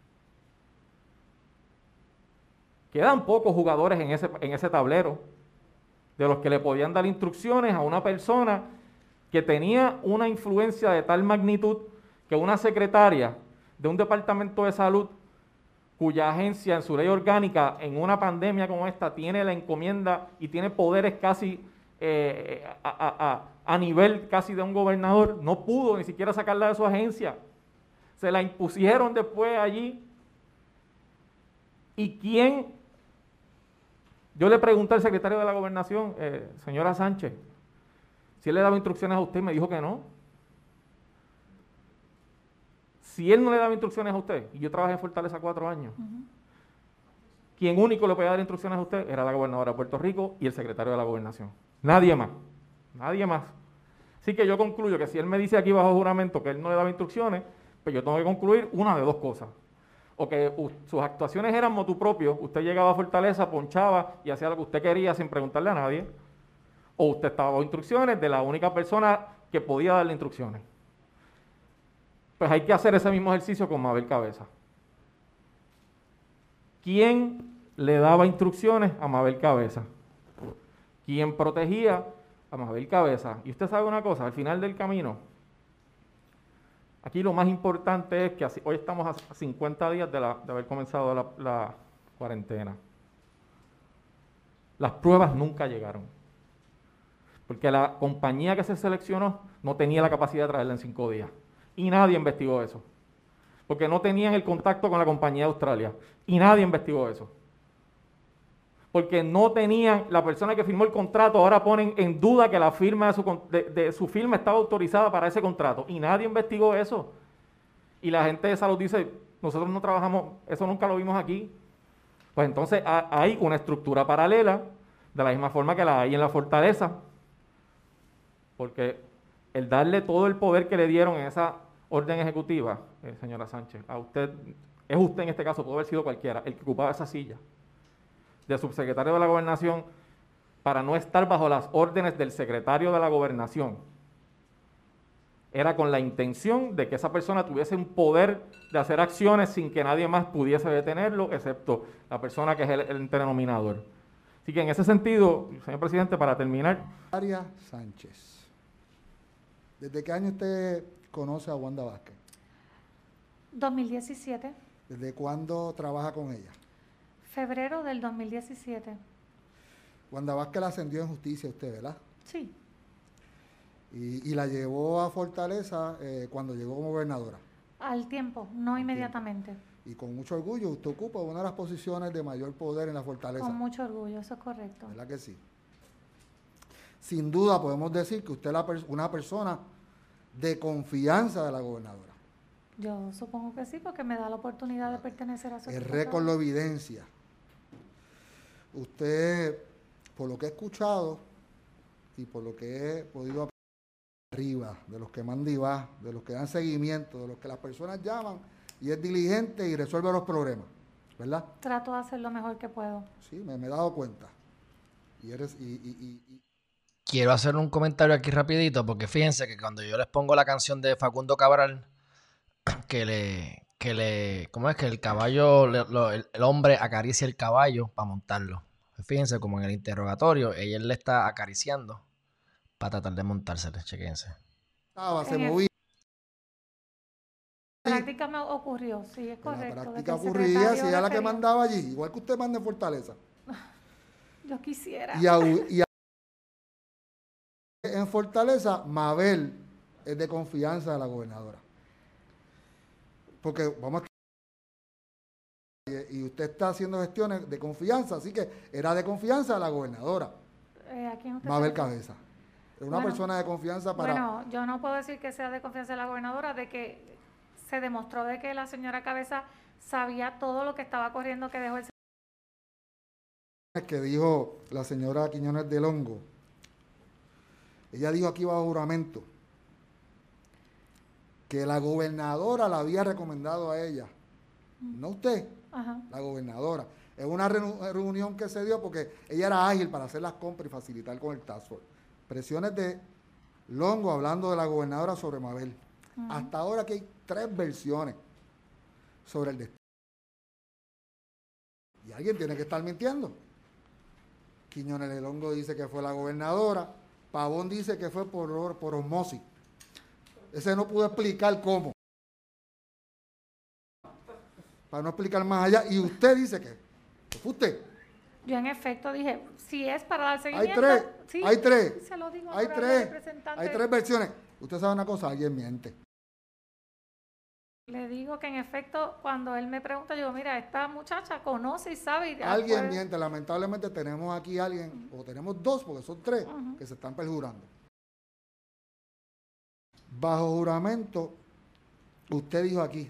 Quedan pocos jugadores en ese, en ese tablero de los que le podían dar instrucciones a una persona que tenía una influencia de tal magnitud que una secretaria de un departamento de salud cuya agencia en su ley orgánica en una pandemia como esta tiene la encomienda y tiene poderes casi eh, a, a, a, a nivel casi de un gobernador, no pudo ni siquiera sacarla de su agencia. Se la impusieron después allí. ¿Y quién? Yo le pregunté al secretario de la Gobernación, eh, señora Sánchez, si él le daba instrucciones a usted, me dijo que no. Si él no le daba instrucciones a usted, y yo trabajé en Fortaleza cuatro años, uh-huh. quien único le podía dar instrucciones a usted era la gobernadora de Puerto Rico y el secretario de la Gobernación. Nadie más. Nadie más. Así que yo concluyo que si él me dice aquí bajo juramento que él no le daba instrucciones, pues yo tengo que concluir una de dos cosas. O que uh, sus actuaciones eran motu propio, usted llegaba a Fortaleza, ponchaba y hacía lo que usted quería sin preguntarle a nadie, o usted estaba bajo instrucciones de la única persona que podía darle instrucciones. Pues hay que hacer ese mismo ejercicio con Mabel Cabeza. ¿Quién le daba instrucciones a Mabel Cabeza? ¿Quién protegía a Mabel Cabeza? Y usted sabe una cosa, al final del camino, aquí lo más importante es que así, hoy estamos a cincuenta días de, la, de haber comenzado la, la cuarentena. Las pruebas nunca llegaron. porque la compañía que se seleccionó no tenía la capacidad de traerla en cinco días. Y nadie investigó eso, porque no tenían el contacto con la compañía de Australia. Y nadie investigó eso. Porque no tenían, la persona que firmó el contrato ahora ponen en duda que la firma de su, de, de su firma estaba autorizada para ese contrato. Y nadie investigó eso. Y la gente de salud dice, nosotros no trabajamos, eso nunca lo vimos aquí. Pues entonces hay una estructura paralela, de la misma forma que la hay en la fortaleza, porque el darle todo el poder que le dieron en esa orden ejecutiva, eh, señora Sánchez, a usted, es usted en este caso, puede haber sido cualquiera, el que ocupaba esa silla de subsecretario de la Gobernación, para no estar bajo las órdenes del secretario de la Gobernación. Era con la intención de que esa persona tuviese un poder de hacer acciones sin que nadie más pudiese detenerlo, excepto la persona que es el, el denominador. Así que en ese sentido, señor presidente, para terminar... Secretaria Sánchez, ¿desde qué año usted conoce a Wanda Vázquez? dos mil diecisiete. ¿Desde cuándo trabaja con ella? Febrero del dos mil diecisiete. Wanda Vázquez la ascendió en justicia usted, ¿verdad? Sí. Y, y la llevó a Fortaleza eh, cuando llegó como gobernadora. Al tiempo, no Al inmediatamente. tiempo. Y con mucho orgullo usted ocupa una de las posiciones de mayor poder en la Fortaleza. Con mucho orgullo, eso es correcto. ¿Verdad que sí? Sin duda podemos decir que usted es la, una persona de confianza de la gobernadora. Yo supongo que sí, porque me da la oportunidad de pertenecer a su El equipo. récord lo evidencia. Usted, por lo que he escuchado y por lo que he podido aprender arriba, de los que mandan y va, de los que dan seguimiento, de los que las personas llaman y es diligente y resuelve los problemas, ¿verdad? Trato de hacer lo mejor que puedo. Sí, me, me he dado cuenta. Y eres, y, y, y, y... Quiero hacer un comentario aquí rapidito, porque fíjense que cuando yo les pongo la canción de Facundo Cabral, que le, que le, ¿cómo es que el caballo, le, lo, el, el hombre acaricia el caballo para montarlo? Fíjense como en el interrogatorio, ella le está acariciando para tratar de montárselo, chequense. Ah, se movía. En la práctica me ocurrió, sí, es correcto. En la práctica ocurría, si ella la que mandaba allí, igual que usted manda en Fortaleza. Yo quisiera. Y, a, y a, en Fortaleza, Mabel es de confianza de la gobernadora. Porque vamos a... Y usted está haciendo gestiones de confianza, así que era de confianza de la gobernadora. Eh, ¿a quién usted Mabel sabe? Cabeza. Es una bueno, persona de confianza para... Bueno, yo no puedo decir que sea de confianza de la gobernadora, de que se demostró de que la señora Cabeza sabía todo lo que estaba corriendo que dejó el... que dijo la señora Quiñones del Hongo. Ella dijo aquí bajo juramento que la gobernadora la había recomendado a ella, mm. no usted, Ajá. la gobernadora. Es una reunión que se dio porque ella era ágil para hacer las compras y facilitar con el task force. Presiones de Longo hablando de la gobernadora sobre Mabel. Uh-huh. Hasta ahora que hay tres versiones sobre el destino. Y alguien tiene que estar mintiendo. Quiñones del Hongo dice que fue la gobernadora. Pavón dice que fue por, por osmosis. Ese no pudo explicar cómo. Para no explicar más allá. Y usted dice que fue usted. Yo en efecto dije, si es para dar seguimiento... Hay tres, sí, hay tres, se lo digo hay tres, hay tres versiones. Usted sabe una cosa, alguien miente. Le digo que en efecto, cuando él me pregunta, yo digo, mira, esta muchacha conoce y sabe... Y alguien puede... miente, lamentablemente tenemos aquí a alguien, uh-huh. o tenemos dos, porque son tres, uh-huh. que se están perjurando. Bajo juramento, usted dijo aquí,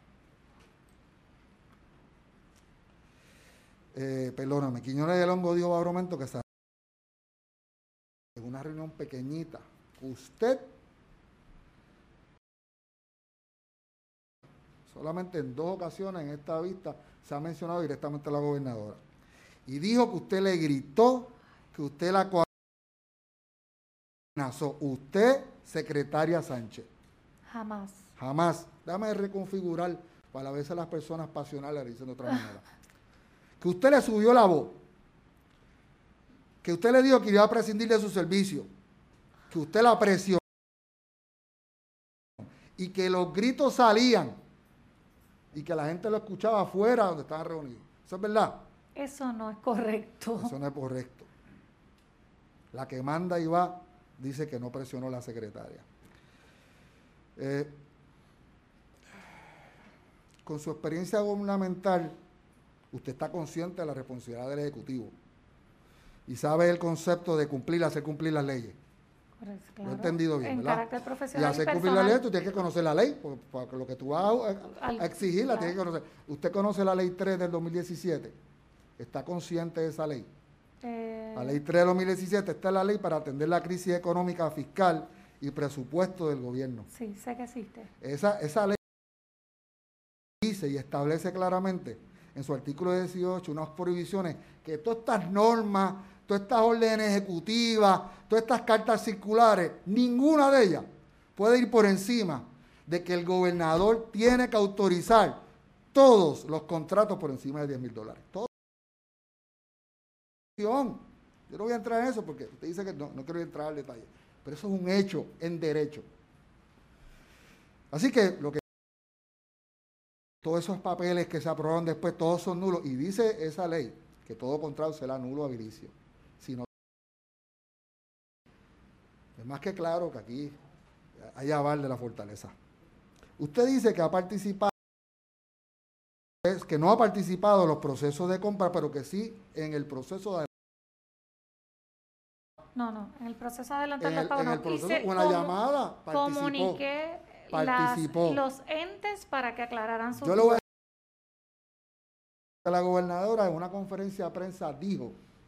Eh, perdóname, Quiñones del Hongo dijo bajo juramento que en una reunión pequeñita, usted solamente en dos ocasiones en esta vista se ha mencionado directamente a la gobernadora. Y dijo que usted le gritó, que usted la amenazó. Usted, secretaria Sánchez. Jamás. Jamás. Déjame reconfigurar para a veces las personas pasionales le dicen de otra manera. Que usted le subió la voz, que usted le dijo que iba a prescindir de su servicio, que usted la presionó y que los gritos salían y que la gente lo escuchaba afuera donde estaban reunidos. ¿Eso es verdad? Eso no es correcto. Eso no es correcto. la que manda y va, dice que no presionó la secretaria. Eh, con su experiencia gubernamental, usted está consciente de la responsabilidad del Ejecutivo y sabe el concepto de cumplir, hacer cumplir las leyes. Correcto, claro. Lo he entendido bien, en ¿verdad? Carácter Y profesional hacer y cumplir la personal. ley, tú tienes que conocer la ley, porque, porque lo que tú vas a, a exigir la tienes que conocer. ¿Usted conoce la ley tres del dos mil diecisiete? ¿Está consciente de esa ley? Eh, La ley tres del dos mil diecisiete está en la ley para atender la crisis económica, fiscal y presupuesto del gobierno. Sí, sé que existe. Esa, esa ley dice y establece claramente en su artículo dieciocho unas prohibiciones que todas estas normas, todas estas órdenes ejecutivas, todas estas cartas circulares, ninguna de ellas puede ir por encima de que el gobernador tiene que autorizar todos los contratos por encima de diez mil dólares. Todo. Yo no voy a entrar en eso porque usted dice que no, no quiero entrar al detalle, pero eso es un hecho en derecho. Así que lo que todos esos papeles que se aprobaron después, todos son nulos, y dice esa ley que todo contrato será nulo o abilicio. Si no, es más que claro que aquí hay aval de la fortaleza. Usted dice que ha participado, que no ha participado en los procesos de compra, pero que sí en el proceso de No, no, en el proceso de adelantar en los el, pagos en no. el proceso, Hice una como, llamada, participó. Comuniqué participó. Las, los entes para que aclararan su... Yo le voy a la gobernadora en una conferencia de prensa dijo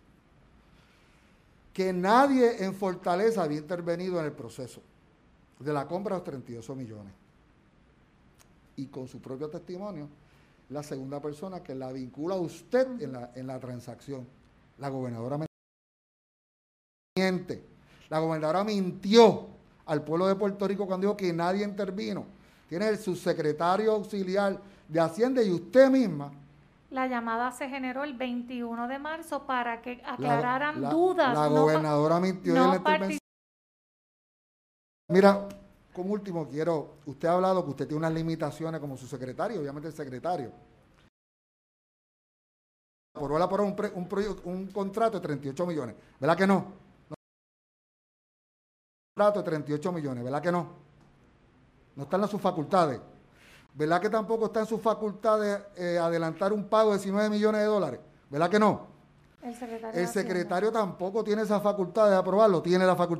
que nadie en Fortaleza había intervenido en el proceso de la compra de los treinta y ocho millones. Y con su propio testimonio, la segunda persona que la vincula a usted en la, en la transacción. La gobernadora miente. La gobernadora mintió al pueblo de Puerto Rico cuando dijo que nadie intervino. Tiene el subsecretario auxiliar de Hacienda y usted misma. La llamada se generó el veintiuno de marzo para que aclararan la, la, dudas. La no gobernadora mintió no en la intervención. Mira, como último quiero, usted ha hablado que usted tiene unas limitaciones como su secretario, obviamente el secretario. Por ahora por un, pre, un, un contrato de treinta y ocho millones, ¿verdad que no? no? Un contrato de treinta y ocho millones, ¿verdad que no? No están en sus facultades. ¿Verdad que tampoco está en sus facultades eh, adelantar un pago de diecinueve millones de dólares? ¿Verdad que no? El secretario, el secretario tampoco tiene esa facultad de aprobarlo, tiene la facultad.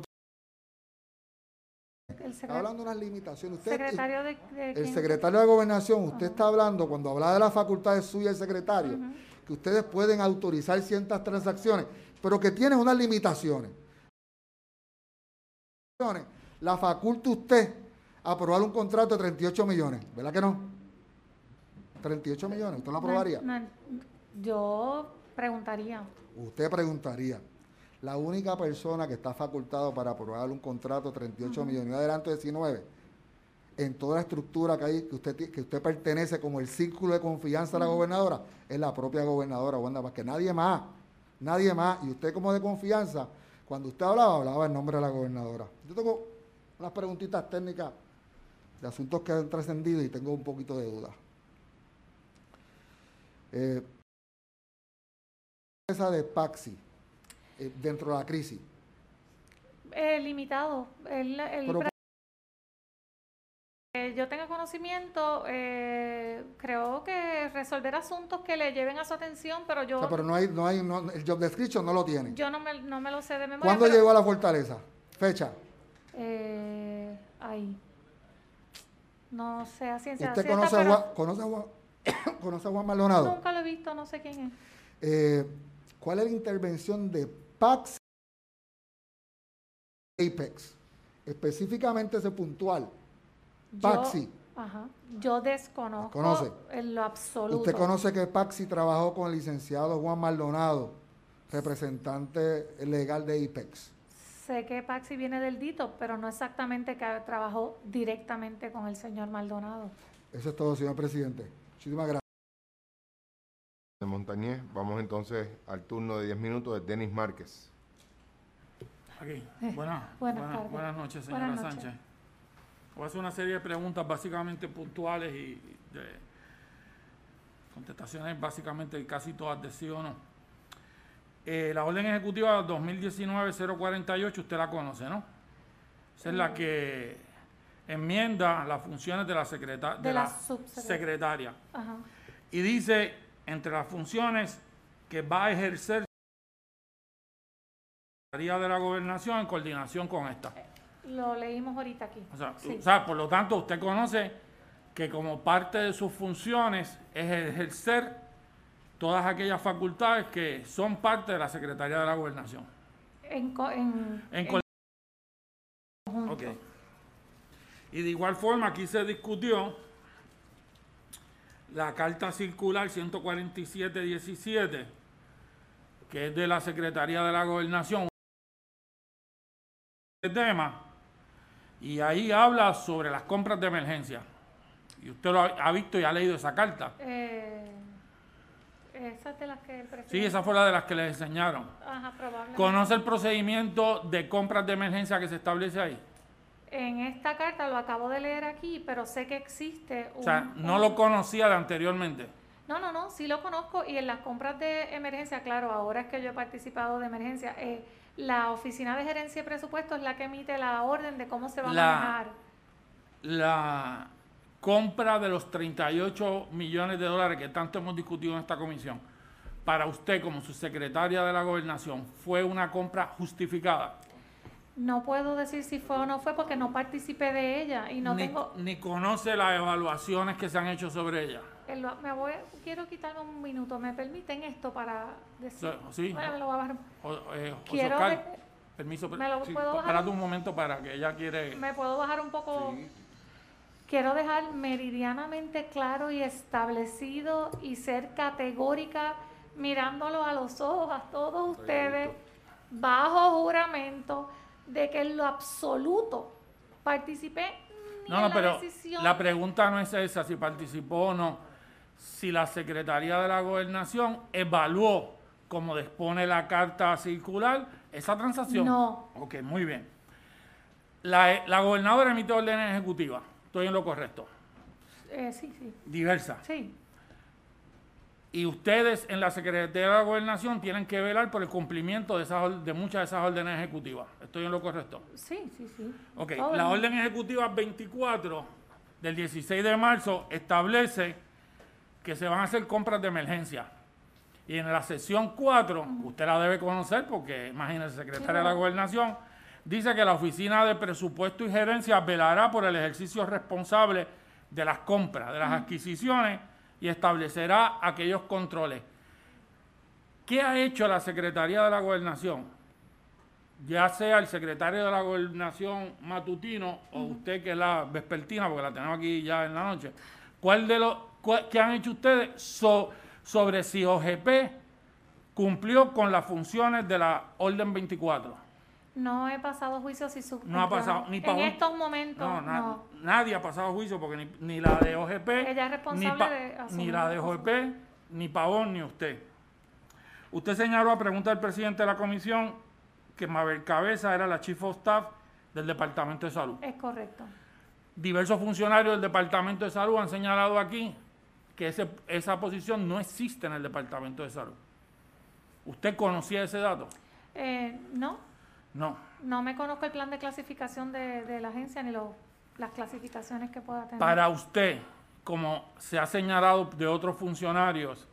El está hablando de unas limitaciones. Usted, secretario de, de el secretario de Gobernación, usted uh-huh. está hablando, cuando habla de las facultades suyas el secretario, uh-huh. que ustedes pueden autorizar ciertas transacciones, pero que tienen unas limitaciones. La faculta usted a aprobar un contrato de treinta y ocho millones, ¿verdad que no? treinta y ocho millones, ¿usted lo aprobaría? No, no, yo preguntaría. Usted preguntaría. La única persona que está facultado para aprobar un contrato de treinta y ocho uh-huh. millones, y adelanto diecinueve, en toda la estructura que hay, que usted, que usted pertenece como el círculo de confianza uh-huh. de la gobernadora, es la propia gobernadora, Wanda, porque nadie más, nadie más, y usted como de confianza, cuando usted hablaba, hablaba en nombre de la gobernadora. Yo tengo unas preguntitas técnicas de asuntos que han trascendido y tengo un poquito de duda. Eh, esa de Paxi, eh, dentro de la crisis. Eh, limitado. El, el Pero, eh, yo tengo conocimiento, eh, creo que resolver asuntos que le lleven a su atención, pero yo... O sea, pero no hay, no hay, no, el job description no lo tiene. Yo no me, no me lo sé de memoria. ¿Cuándo pero, llegó a la Fortaleza? ¿Fecha? Eh, ahí. No sé a ciencia ¿Usted cierta, conoce, pero a Juan, conoce, a Juan, conoce a Juan Maldonado? Nunca lo he visto, no sé quién es. Eh, ¿Cuál es la intervención de Paxi Apex? Específicamente ese puntual. Paxi. Yo, ajá, yo desconozco ¿Conoce? en lo absoluto. ¿Usted conoce que Paxi trabajó con el licenciado Juan Maldonado, representante legal de Apex? Sé que Paxi viene del Dito, pero no exactamente que trabajó directamente con el señor Maldonado. Eso es todo, señor presidente. Muchísimas gracias. De Montañez, vamos entonces al turno de diez minutos de Denis Márquez. Aquí. Buena, buenas, buena, buenas noches, señora buenas noches. Sánchez. Voy a hacer una serie de preguntas básicamente puntuales y de contestaciones básicamente casi todas de sí o no. eh, la orden ejecutiva dos mil diecinueve cero cuarenta y ocho, usted la conoce, ¿no? Esa es la que enmienda las funciones de la, secreta de de la, la subsecretaria. secretaria. Ajá. Y dice, entre las funciones que va a ejercer la Secretaría de la Gobernación en coordinación con esta. Lo leímos ahorita aquí. O sea, Sí. o sea, por lo tanto, usted conoce que como parte de sus funciones es ejercer todas aquellas facultades que son parte de la Secretaría de la Gobernación. En, co en, En en conjunto. Okay. Y de igual forma, aquí se discutió la carta circular ciento cuarenta y siete diecisiete, que es de la Secretaría de la Gobernación, este tema, y ahí habla sobre las compras de emergencia. Y usted lo ha, ha visto y ha leído esa carta. Eh, esa es de las que el presidente... Sí, esa fue la de las que les enseñaron. Ajá, probablemente. ¿Conoce el procedimiento de compras de emergencia que se establece ahí? En esta carta lo acabo de leer aquí, pero sé que existe un... O sea, no lo conocía de anteriormente. No, no, no, sí lo conozco, y en las compras de emergencia, claro, ahora es que yo he participado de emergencia, eh, la Oficina de Gerencia y Presupuesto es la que emite la orden de cómo se va La- a manejar. La compra de los treinta y ocho millones de dólares que tanto hemos discutido en esta comisión, para usted como subsecretaria de la Gobernación, ¿fue una compra justificada? No puedo decir si fue o no fue porque no participé de ella y no ni, tengo... ni conoce las evaluaciones que se han hecho sobre ella. el- me voy, quiero quitarme un minuto, ¿me permiten esto para decir? Sí. Bueno, me lo voy a bajar. O, eh, José Quiero Oscar, de- permiso, ¿Me lo sí, puedo bajar? espérate un momento para que ella quiere... ¿Me puedo bajar un poco? Sí. Quiero dejar meridianamente claro y establecido y ser categórica, mirándolo a los ojos a todos ustedes, bajo juramento, de que en lo absoluto participé ni No, en no, la pero decisión. la pregunta no es esa, si participó o no. Si la Secretaría de la Gobernación evaluó, como dispone la carta circular, esa transacción. No. Ok, muy bien. La, la gobernadora emite órdenes ejecutivas. Estoy en lo correcto. Eh, sí, sí, Diversas. sí. Y ustedes en la Secretaría de la Gobernación tienen que velar por el cumplimiento de, esas, de muchas de esas órdenes ejecutivas. ¿Estoy en lo correcto? Sí, sí, sí. Ok, Todo la el- orden ejecutiva veinticuatro del dieciséis de marzo establece que se van a hacer compras de emergencia. Y en la sección cuatro, uh-huh, usted la debe conocer porque, imagínese, secretaria sí, de la Gobernación, dice que la Oficina de Presupuesto y Gerencia velará por el ejercicio responsable de las compras, de las, uh-huh, adquisiciones, y establecerá aquellos controles. ¿Qué ha hecho la Secretaría de la Gobernación? Ya sea el secretario de la Gobernación matutino, uh-huh, o usted que es la vespertina, porque la tenemos aquí ya en la noche. ¿Cuál de los, cuál, ¿Qué han hecho ustedes so, sobre si O G P cumplió con las funciones de la orden veinticuatro? No he pasado juicio si su... No ha pasado ni En estos momentos, no, na, no. Nadie ha pasado juicio porque ni, ni la de O G P, Ella es responsable ni, pa, de asumir ni la de O G P, ni Pavón, ni usted. Usted señaló a pregunta del presidente de la comisión que Mabel Cabeza era la Chief of Staff del Departamento de Salud. Es correcto. Diversos funcionarios del Departamento de Salud han señalado aquí que ese, esa posición no existe en el Departamento de Salud. ¿Usted conocía ese dato? Eh, no. No. No me conozco el plan de clasificación de, de la agencia ni lo, las clasificaciones que pueda tener. Para usted, como se ha señalado de otros funcionarios,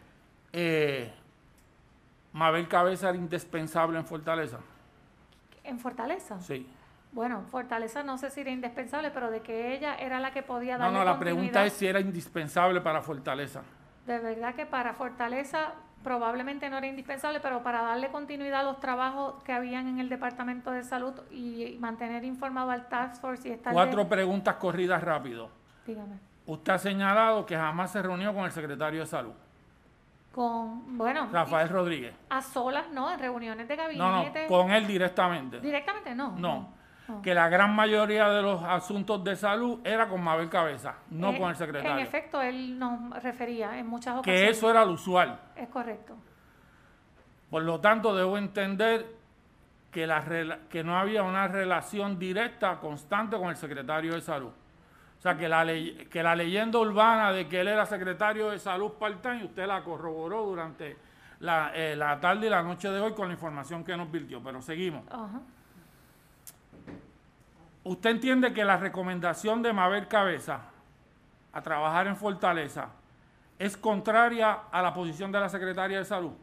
eh, ¿Mabel Cabeza era indispensable en Fortaleza? ¿En Fortaleza? Sí. Bueno, Fortaleza no sé si era indispensable, pero de que ella era la que podía No, darle no, la continuidad. pregunta es si era indispensable para Fortaleza. De verdad que para Fortaleza probablemente no era indispensable, pero para darle continuidad a los trabajos que habían en el Departamento de Salud y mantener informado al Task Force y estar... Cuatro de... preguntas corridas rápido. Dígame. Usted ha señalado que jamás se reunió con el secretario de Salud, Con, bueno... Rafael Rodríguez. A solas, ¿no? En reuniones de gabinete. No, no, con él directamente. Directamente no. No. no. Que la gran mayoría de los asuntos de salud era con Mabel Cabeza, no eh, con el secretario. En efecto, él nos refería en muchas que ocasiones. eso era lo usual. Es correcto. Por lo tanto, debo entender que, la, que no había una relación directa, constante con el secretario de Salud. O sea, que la, ley, que la leyenda urbana de que él era secretario de Salud part-time, usted la corroboró durante la, eh, la tarde y la noche de hoy con la información que nos virtió, pero seguimos. Ajá. ¿Usted entiende que la recomendación de Mabel Cabeza a trabajar en Fortaleza es contraria a la posición de la Secretaria de Salud?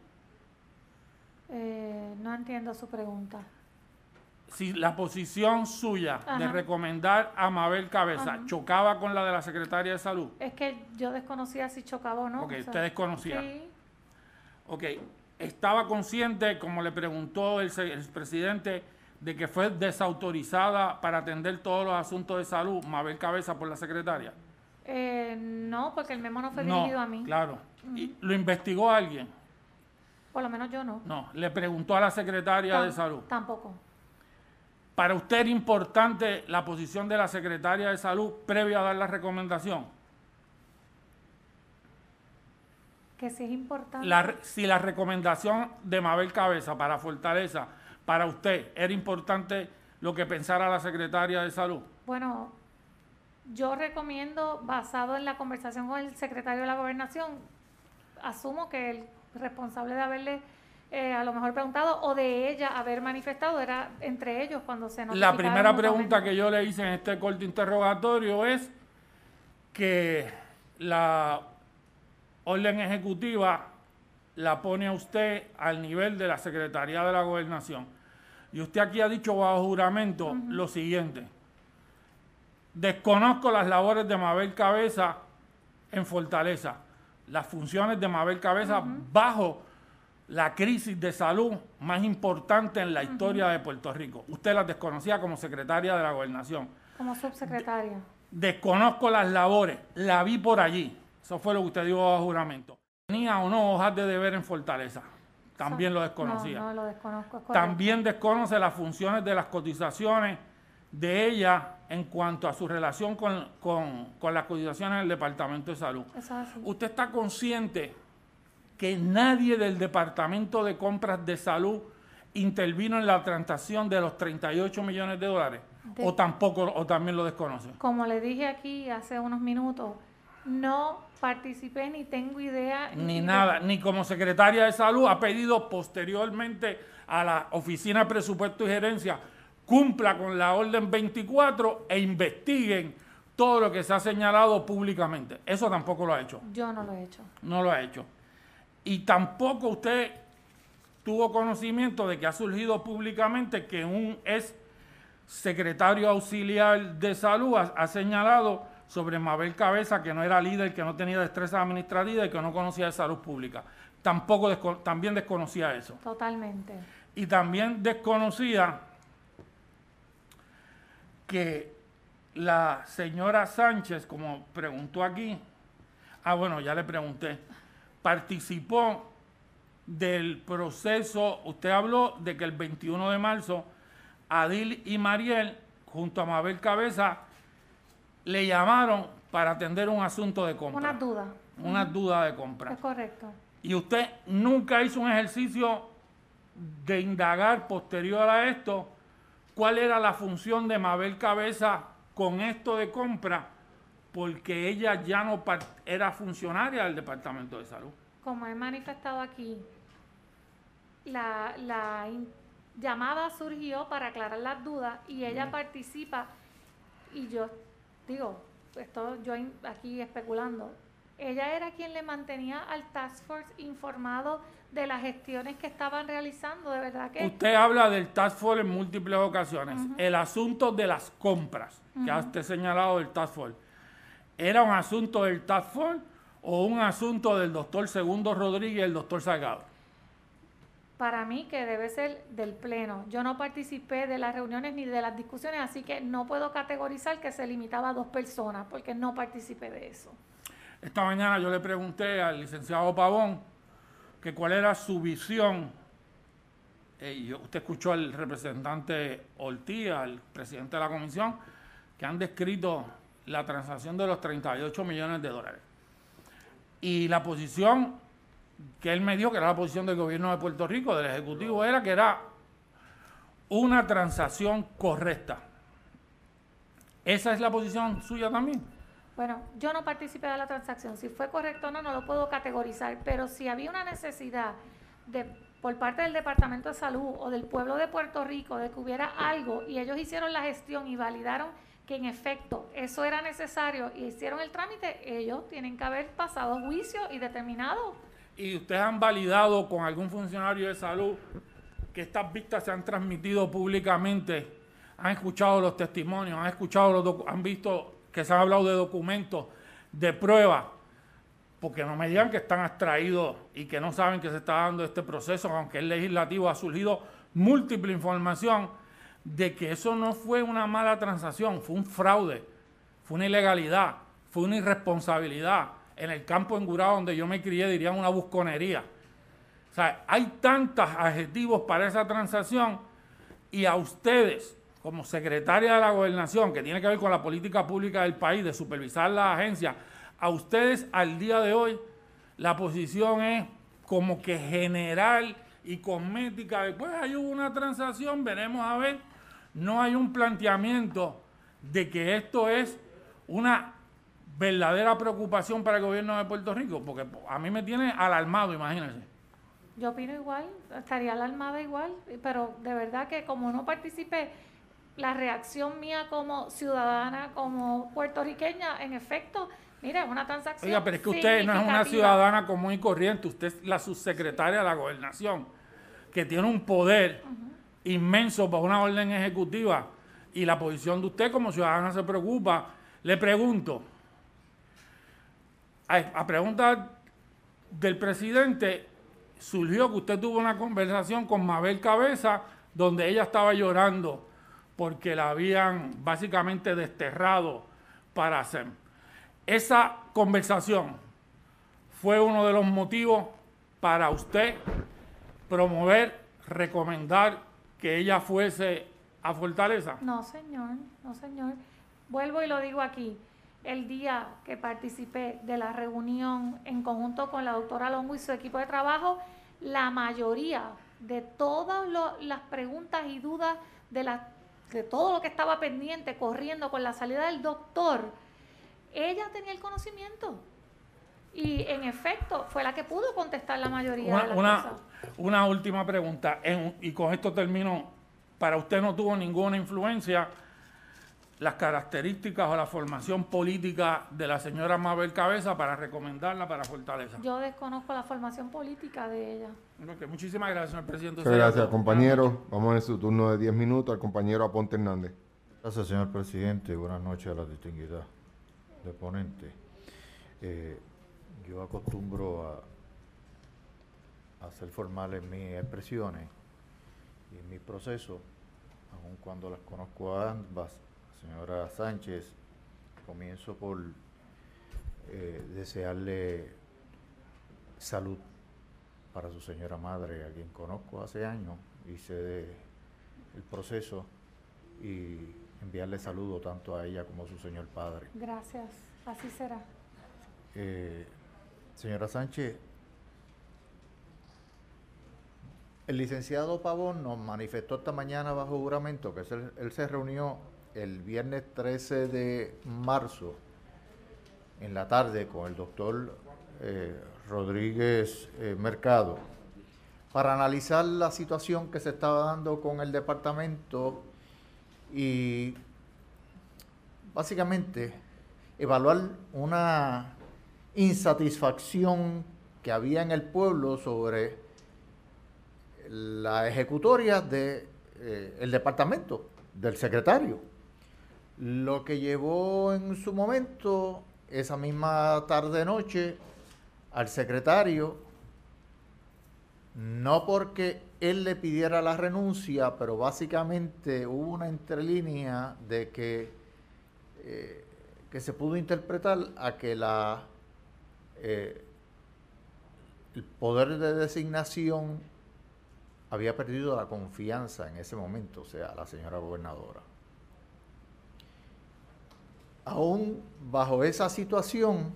Eh, no entiendo su pregunta. Si la posición suya Ajá. de recomendar a Mabel Cabeza Ajá. chocaba con la de la Secretaria de Salud. Es que yo desconocía si chocaba o no. Ok, o sea, usted desconocía. Sí. Ok, estaba consciente, como le preguntó el, el presidente, de que fue desautorizada para atender todos los asuntos de salud Mabel Cabeza por la secretaria. Eh, no, porque el memo no fue No, dirigido a mí. claro. Uh-huh. ¿Y lo investigó alguien? Por lo menos yo no. No, le preguntó a la secretaria Tam- de salud. Tampoco. ¿Para usted era importante la posición de la secretaria de salud previo a dar la recomendación? Que sí es importante. La, si la recomendación de Mabel Cabeza para Fortaleza, para usted, era importante lo que pensara la secretaria de salud. Bueno, yo recomiendo, basado en la conversación con el secretario de la Gobernación, asumo que el responsable de haberle eh, a lo mejor preguntado o de ella haber manifestado era entre ellos cuando se notificaron. La primera pregunta mutuamente. que yo le hice en este corto interrogatorio es que la orden ejecutiva la pone a usted al nivel de la Secretaría de la Gobernación. Y usted aquí ha dicho bajo juramento uh-huh. lo siguiente: desconozco las labores de Mabel Cabeza en Fortaleza, las funciones de Mabel Cabeza uh-huh. bajo la crisis de salud más importante en la uh-huh. historia de Puerto Rico. Usted las desconocía como secretaria de la Gobernación. Como subsecretaria. De- desconozco las labores, la vi por allí. Eso fue lo que usted dijo bajo juramento. ¿Tenía o no hojas de deber en Fortaleza? También lo desconocía. No, no lo desconozco. Es correcto. También desconoce las funciones de las cotizaciones de ella en cuanto a su relación con, con, con las cotizaciones del Departamento de Salud. Eso es así. ¿Usted está consciente que nadie del Departamento de Compras de Salud intervino en la transacción de los treinta y ocho millones de dólares? De- ¿O tampoco, o también lo desconoce? Como le dije aquí hace unos minutos, no participé ni tengo idea. Ni de- nada, ni como secretaria de Salud ha pedido posteriormente a la Oficina de Presupuesto y Gerencia cumpla con la orden veinticuatro e investiguen todo lo que se ha señalado públicamente. Eso tampoco lo ha hecho. Yo no lo he hecho. No lo ha hecho. Y tampoco usted tuvo conocimiento de que ha surgido públicamente que un ex secretario auxiliar de salud ha, ha señalado sobre Mabel Cabeza que no era líder, que no tenía destreza administrativa y que no conocía de salud pública. Tampoco desco- también desconocía eso. Totalmente. Y también desconocía que la señora Sánchez, como preguntó aquí, ah bueno, ya le pregunté, participó del proceso. Usted habló de que el veintiuno de marzo Adil y Mariel, junto a Mabel Cabeza, le llamaron para atender un asunto de compra. Una duda. Una duda de compra. Es correcto. Y usted nunca hizo un ejercicio de indagar posterior a esto cuál era la función de Mabel Cabeza con esto de compra, porque ella ya no par- era funcionaria del Departamento de Salud. Como he manifestado aquí, la, la in- llamada surgió para aclarar las dudas y ella Mm. participa, y yo digo, esto yo in- aquí especulando, ella era quien le mantenía al Task Force informado de las gestiones que estaban realizando, de verdad que... Usted habla del Task Force en múltiples ocasiones. Ujú. El asunto de las compras, que ha Ujú. usted señalado del Task Force, ¿era un asunto del Task Force o un asunto del doctor Segundo Rodríguez y el doctor Salgado? Para mí que debe ser del Pleno. Yo no participé de las reuniones ni de las discusiones, así que no puedo categorizar que se limitaba a dos personas, porque no participé de eso. Esta mañana yo le pregunté al licenciado Pavón que cuál era su visión. Eh, y yo- usted escuchó al representante Ortiz, al presidente de la comisión, que han descrito la transacción de los treinta y ocho millones de dólares. Y la posición que él me dio, que era la posición del gobierno de Puerto Rico, del Ejecutivo, era que era una transacción correcta. ¿Esa es la posición suya también? Bueno, yo no participé de la transacción. Si fue correcto o no, no lo puedo categorizar, pero si había una necesidad de, por parte del Departamento de Salud o del pueblo de Puerto Rico de que hubiera algo y ellos hicieron la gestión y validaron que en efecto eso era necesario y hicieron el trámite, ellos tienen que haber pasado juicio y determinado. ¿Y ustedes han validado con algún funcionario de salud que estas vistas se han transmitido públicamente? ¿Han escuchado los testimonios? ¿Han escuchado los docu- han visto que se han hablado de documentos, de pruebas? Porque no me digan que están abstraídos y que no saben que se está dando este proceso, aunque el legislativo ha surgido múltiple información de que eso no fue una mala transacción, fue un fraude, fue una ilegalidad, fue una irresponsabilidad. En el campo engurado donde yo me crié dirían una busconería. O sea, hay tantos adjetivos para esa transacción y a ustedes, como secretaria de la Gobernación, que tiene que ver con la política pública del país, de supervisar las agencias, a ustedes al día de hoy la posición es como que general y cosmética. Después hay una transacción, veremos a ver. No hay un planteamiento de que esto es una verdadera preocupación para el gobierno de Puerto Rico, porque a mí me tiene alarmado, imagínense. Yo opino igual, estaría alarmada igual, pero de verdad que como no participé, la reacción mía como ciudadana, como puertorriqueña, en efecto, mira, es una transacción. Oiga, pero es que usted no es una ciudadana común y corriente, usted es la subsecretaria de la Gobernación, que tiene un poder uh-huh. inmenso para una orden ejecutiva, y la posición de usted como ciudadana se preocupa. Le pregunto, a, a pregunta del presidente, surgió que usted tuvo una conversación con Mabel Cabeza, donde ella estaba llorando porque la habían básicamente desterrado para hacer. Esa conversación fue uno de los motivos para usted promover, recomendar que ella fuese a Fortaleza. No, señor, no, señor. Vuelvo y lo digo aquí. El día que participé de la reunión en conjunto con la doctora Longo y su equipo de trabajo, la mayoría de todas lo, las preguntas y dudas de, la, de todo lo que estaba pendiente, corriendo con la salida del doctor, ella tenía el conocimiento. Y en efecto, fue la que pudo contestar la mayoría una, de las una, cosas. Una última pregunta, en, y con esto termino. Para usted no tuvo ninguna influencia las características o la formación política de la señora Mabel Cabeza para recomendarla para Fortaleza. Yo desconozco la formación política de ella. Okay, muchísimas gracias, señor presidente. Muchas gracias, compañero. Vamos en su turno de diez minutos al compañero Aponte Hernández. Gracias, señor presidente. Buenas noches a la distinguida deponente. Eh, yo acostumbro a, a ser formal en mis expresiones y en mi proceso, aun cuando las conozco a ambas. Señora Sánchez, comienzo por eh, desearle salud para su señora madre, a quien conozco hace años, hice de, el proceso, y enviarle saludo tanto a ella como a su señor padre. Gracias, así será. Eh, señora Sánchez, el licenciado Pavón nos manifestó esta mañana bajo juramento que él, él se reunió el viernes trece de marzo en la tarde con el doctor eh, Rodríguez eh, Mercado para analizar la situación que se estaba dando con el departamento y básicamente evaluar una insatisfacción que había en el pueblo sobre la ejecutoria del de, eh, departamento, del secretario. Lo que llevó en su momento, esa misma tarde-noche, al secretario, no porque él le pidiera la renuncia, pero básicamente hubo una entrelínea de que, eh, que se pudo interpretar a que la, eh, el poder de designación había perdido la confianza en ese momento, o sea, la señora gobernadora. Aún bajo esa situación,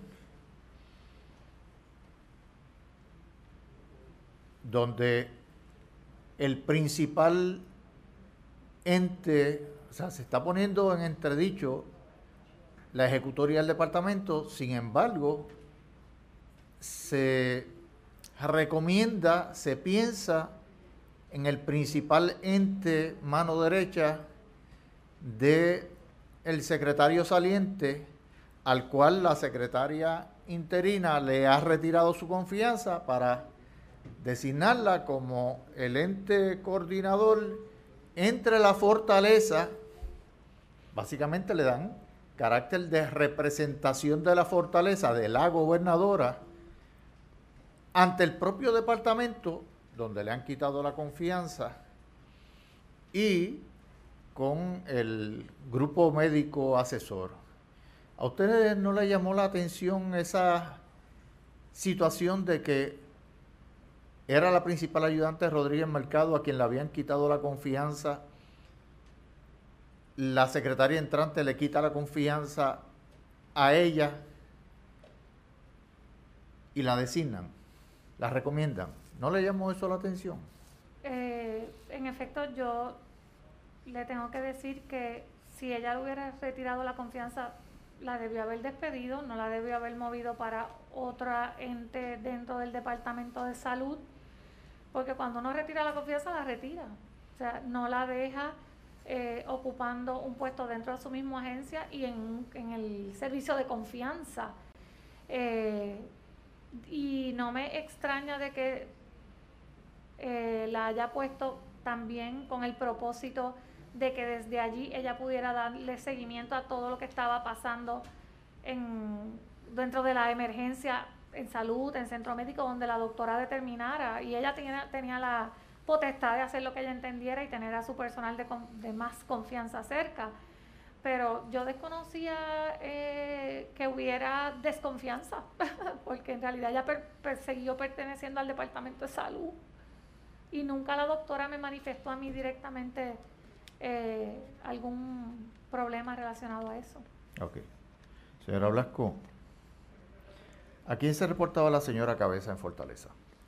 donde el principal ente, o sea, se está poniendo en entredicho la ejecutoria del departamento, sin embargo, se recomienda, se piensa en el principal ente mano derecha de el secretario saliente, al cual la secretaria interina le ha retirado su confianza para designarla como el ente coordinador entre la fortaleza. Básicamente le dan carácter de representación de la fortaleza de la gobernadora ante el propio departamento, donde le han quitado la confianza, y con el grupo médico asesor. ¿A ustedes no les llamó la atención esa situación de que era la principal ayudante Rodríguez Mercado a quien le habían quitado la confianza? La secretaria entrante le quita la confianza a ella y la designan, la recomiendan. ¿No le llamó eso la atención? Eh, en efecto, yo le tengo que decir que si ella le hubiera retirado la confianza, la debió haber despedido, no la debió haber movido para otra ente dentro del Departamento de Salud, porque cuando uno retira la confianza, la retira. O sea, no la deja eh, ocupando un puesto dentro de su misma agencia y en, en el servicio de confianza. Eh, y no me extraña de que eh, la haya puesto también con el propósito de que desde allí ella pudiera darle seguimiento a todo lo que estaba pasando en, dentro de la emergencia en salud, en centro médico, donde la doctora determinara, y ella tenía, tenía la potestad de hacer lo que ella entendiera y tener a su personal de, de más confianza cerca. Pero yo desconocía eh, que hubiera desconfianza, porque en realidad ella per, per, siguió perteneciendo al Departamento de Salud, y nunca la doctora me manifestó a mí directamente eh, algún problema relacionado a eso. Ok. Señora Blasco, ¿a quién se reportaba la señora Cabeza en Fortaleza?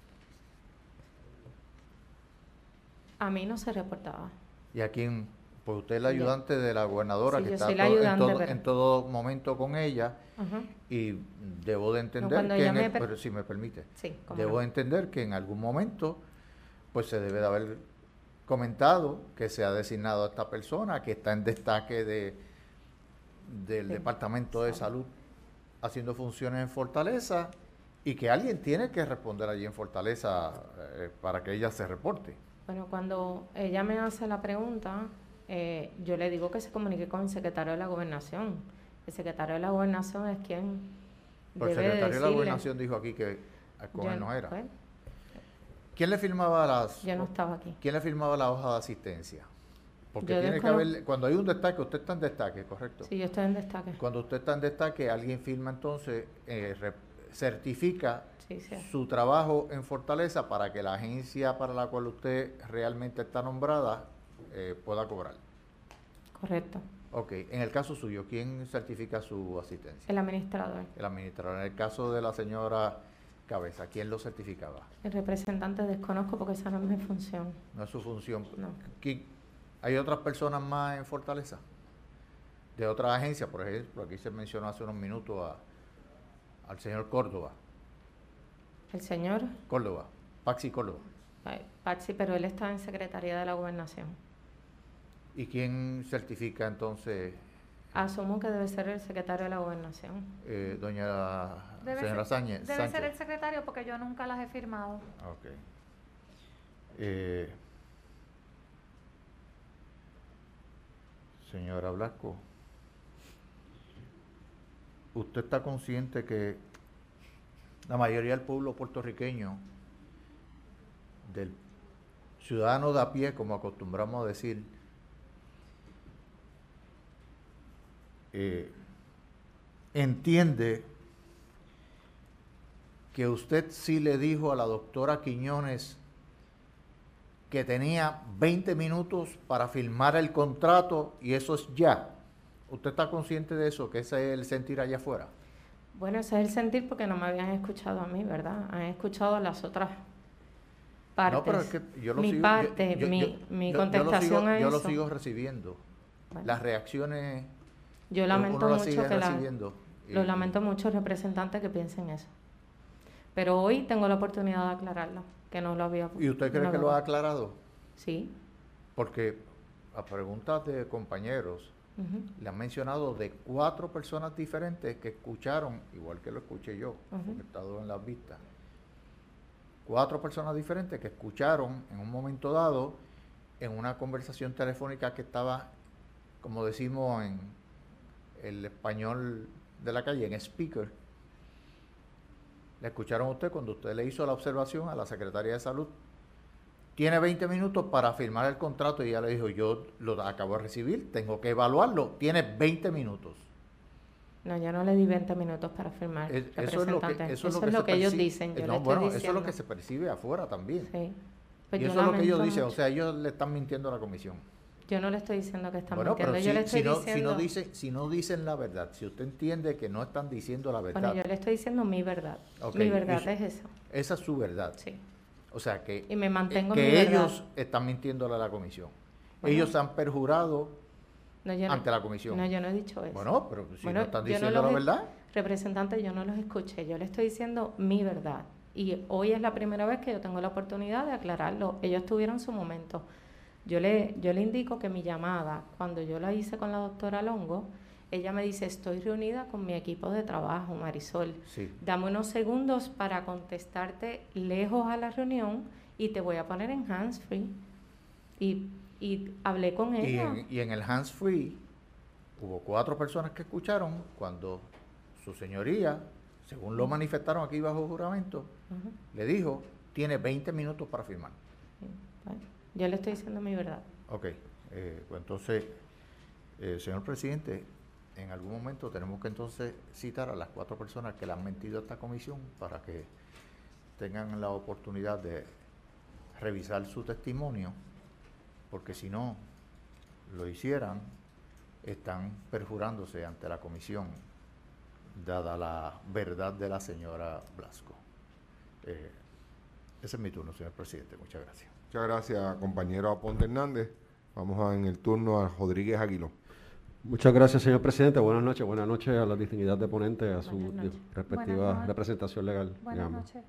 A mí no se reportaba. ¿Y a quién? Pues usted es la ayudante de la gobernadora, sí, que está todo, ayudante, en, todo, pero... en todo momento con ella, uh-huh. y debo de entender no, que, en me el, per... pero si me permite, sí, debo no. de entender que en algún momento pues se debe de haber comentado que se ha designado a esta persona que está en destaque de, del sí. Departamento de Salud haciendo funciones en Fortaleza, y que alguien tiene que responder allí en Fortaleza eh, para que ella se reporte. Bueno, cuando ella me hace la pregunta, eh, yo le digo que se comunique con el secretario de la Gobernación. El secretario de la Gobernación es quien Pues debe el secretario decirle, de la Gobernación dijo aquí que con yo, él no era. Pues, ¿Quién le firmaba las? Yo no estaba aquí. ¿Quién le firmaba la hoja de asistencia? Porque yo tiene descono... que haber, cuando hay un destaque, usted está en destaque, ¿correcto? Sí, yo estoy en destaque. Cuando usted está en destaque, alguien firma entonces, eh, re, certifica sí, sí. su trabajo en Fortaleza para que la agencia para la cual usted realmente está nombrada eh, pueda cobrar. Correcto. Ok, en el caso suyo, ¿quién certifica su asistencia? El administrador. El administrador. En el caso de la señora Cabeza, ¿quién lo certificaba? El representante desconozco porque esa no es mi función. No es su función. No. ¿Hay otras personas más en Fortaleza? De otras agencias, por ejemplo, aquí se mencionó hace unos minutos a, al señor Córdoba. ¿El señor? Córdoba, Paxi Córdoba. Ay, Paxi, pero él está en Secretaría de la Gobernación. ¿Y quién certifica entonces? Asumo que debe ser el secretario de la Gobernación. Eh, doña debe señora ser, Sánchez. Debe Sánchez. ser el secretario porque yo nunca las he firmado. Ok. Eh, señora Blasco, ¿usted está consciente que la mayoría del pueblo puertorriqueño, del ciudadano de a pie, como acostumbramos a decir, eh, entiende que usted sí le dijo a la doctora Quiñones que tenía veinte minutos para firmar el contrato y eso es ya? ¿Usted está consciente de eso, que ese es el sentir allá afuera? Bueno, ese es el sentir porque no me habían escuchado a mí, ¿verdad? Han escuchado a las otras partes. No, pero es que yo lo mi sigo, parte, yo, yo, mi, yo, mi yo, contestación yo lo sigo, a yo eso. lo sigo recibiendo. Bueno, las reacciones. Yo lamento uno mucho sigue que la, recibiendo. lo lamento mucho representantes que piensen eso. Pero hoy tengo la oportunidad de aclararlo, que no lo había. ¿Y usted cree no que lo ha aclarado? Sí. Porque a preguntas de compañeros, Uh-huh. le han mencionado de cuatro personas diferentes que escucharon, igual que lo escuché yo, uh-huh. porque he estado en las vistas, cuatro personas diferentes que escucharon en un momento dado, en una conversación telefónica que estaba, como decimos en el español de la calle, en speaker, le escucharon a usted cuando usted le hizo la observación a la Secretaría de Salud. Tiene veinte minutos para firmar el contrato y ella le dijo, yo lo acabo de recibir, tengo que evaluarlo, tiene veinte minutos. No, yo no le di veinte minutos para firmar, es, representante. Eso es lo que, eso eso es lo es que, lo que ellos perci- dicen. Yo no, le bueno, estoy eso es lo que se percibe afuera también. Sí. Pues y eso es lo que ellos dicen, mucho. O sea, ellos le están mintiendo a la comisión. Yo no le estoy diciendo que están bueno, mintiendo, pero yo si, le estoy si no, diciendo... Si no, dicen, si no dicen la verdad, si usted entiende que no están diciendo la verdad... Bueno, yo le estoy diciendo mi verdad. Okay. Mi verdad eso, es eso. Esa es su verdad. Sí. O sea, que, y me mantengo que mi ellos verdad. están mintiéndole a la comisión. Bueno, ellos se han perjurado no, ante no, la comisión. No, yo no he dicho eso. Bueno, pero si bueno, no están diciendo no la he, verdad... Representante, yo no los escuché. Yo le estoy diciendo mi verdad. Y hoy es la primera vez que yo tengo la oportunidad de aclararlo. Ellos tuvieron su momento. Yo le, yo le indico que mi llamada, cuando yo la hice con la doctora Longo, ella me dice, estoy reunida con mi equipo de trabajo, Marisol. Sí. Dame unos segundos para contestarte lejos a la reunión y te voy a poner en hands-free. Y, y hablé con ella. Y en, y en el hands-free hubo cuatro personas que escucharon cuando su señoría, según lo manifestaron aquí bajo juramento, uh-huh. le dijo, tiene veinte minutos para firmar. Sí. Bueno, yo le estoy diciendo mi verdad. Ok, eh, pues entonces, eh, señor presidente, en algún momento tenemos que entonces citar a las cuatro personas que le han mentido a esta comisión para que tengan la oportunidad de revisar su testimonio, porque si no lo hicieran, están perjurándose ante la comisión, dada la verdad de la señora Blasco. Eh, ese es mi turno, señor presidente. Muchas gracias. Muchas gracias, compañero Aponte Hernández. Vamos a, en el turno a Rodríguez Aguiló. Muchas gracias, señor presidente. Buenas noches. Buenas noches a la distinguida de ponente, a su respectiva representación legal. Buenas noches.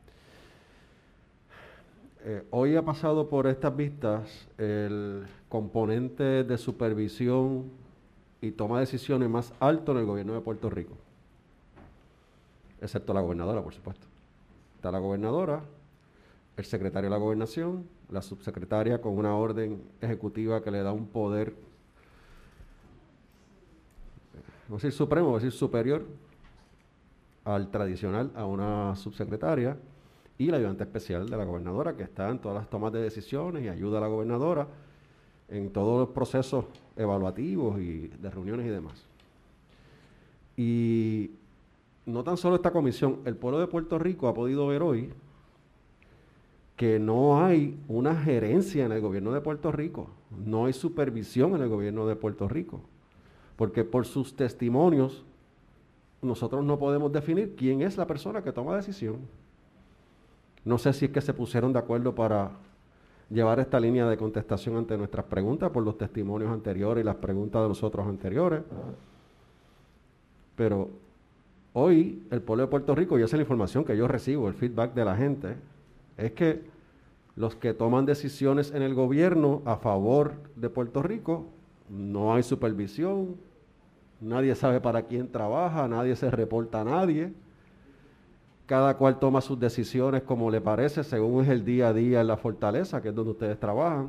Eh, hoy ha pasado por estas vistas el componente de supervisión y toma de decisiones más alto en el gobierno de Puerto Rico, excepto la gobernadora, por supuesto. Está la gobernadora, el secretario de la gobernación, la subsecretaria con una orden ejecutiva que le da un poder, vamos a decir supremo, vamos a decir superior al tradicional, a una subsecretaria, y la ayudante especial de la gobernadora, que está en todas las tomas de decisiones y ayuda a la gobernadora en todos los procesos evaluativos y de reuniones y demás. Y no tan solo esta comisión, el pueblo de Puerto Rico ha podido ver hoy que no hay una gerencia en el gobierno de Puerto Rico, no hay supervisión en el gobierno de Puerto Rico, porque por sus testimonios nosotros no podemos definir quién es la persona que toma decisión. No sé si es que se pusieron de acuerdo para llevar esta línea de contestación ante nuestras preguntas por los testimonios anteriores y las preguntas de los otros anteriores. Pero hoy el pueblo de Puerto Rico, y esa es la información que yo recibo, el feedback de la gente, es que los que toman decisiones en el gobierno a favor de Puerto Rico, no hay supervisión, nadie sabe para quién trabaja, nadie se reporta a nadie. Cada cual toma sus decisiones como le parece, según es el día a día en la fortaleza, que es donde ustedes trabajan.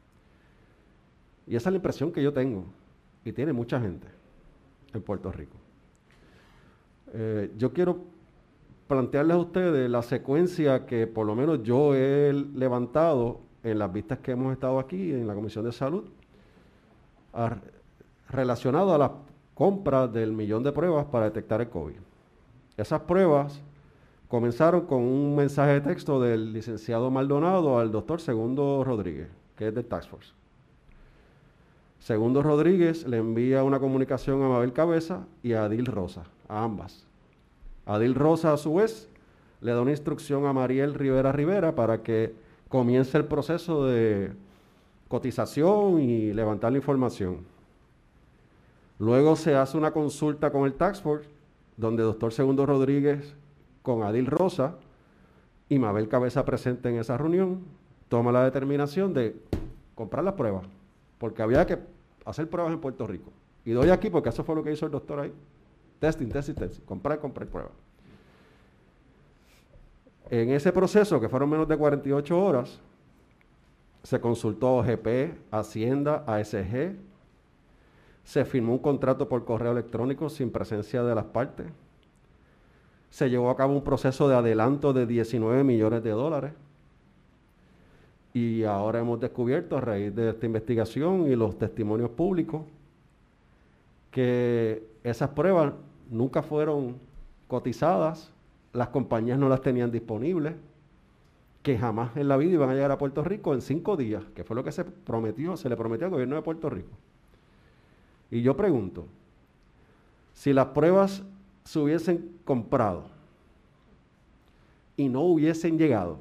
Y esa es la impresión que yo tengo, y tiene mucha gente en Puerto Rico. Eh, yo quiero plantearles a ustedes la secuencia que por lo menos yo he levantado en las vistas que hemos estado aquí en la Comisión de Salud, a, relacionado a la compra del millón de pruebas para detectar el COVID. Esas pruebas comenzaron con un mensaje de texto del licenciado Maldonado al doctor Segundo Rodríguez, que es del Task Force. Segundo Rodríguez le envía una comunicación a Mabel Cabeza y a Adil Rosa, a ambas. Adil Rosa, a su vez, le da una instrucción a Mariel Rivera Rivera para que comience el proceso de cotización y levantar la información. Luego se hace una consulta con el Task Force, donde el doctor Segundo Rodríguez con Adil Rosa Y Mabel Cabeza, presente en esa reunión, toma la determinación de comprar las pruebas, porque había que hacer pruebas en Puerto Rico. Y doy aquí porque eso fue lo que hizo el doctor ahí. Testing, testing, testing. Comprar, comprar pruebas. En ese proceso, que fueron menos de cuarenta y ocho horas, se consultó a O G P, Hacienda, A S G, se firmó un contrato por correo electrónico sin presencia de las partes, se llevó a cabo un proceso de adelanto de diecinueve millones de dólares, y ahora hemos descubierto, a raíz de esta investigación y los testimonios públicos, que esas pruebas nunca fueron cotizadas, las compañías no las tenían disponibles, que jamás en la vida iban a llegar a Puerto Rico en cinco días, que fue lo que se prometió, se le prometió al gobierno de Puerto Rico. Y yo pregunto, si las pruebas se hubiesen comprado y no hubiesen llegado,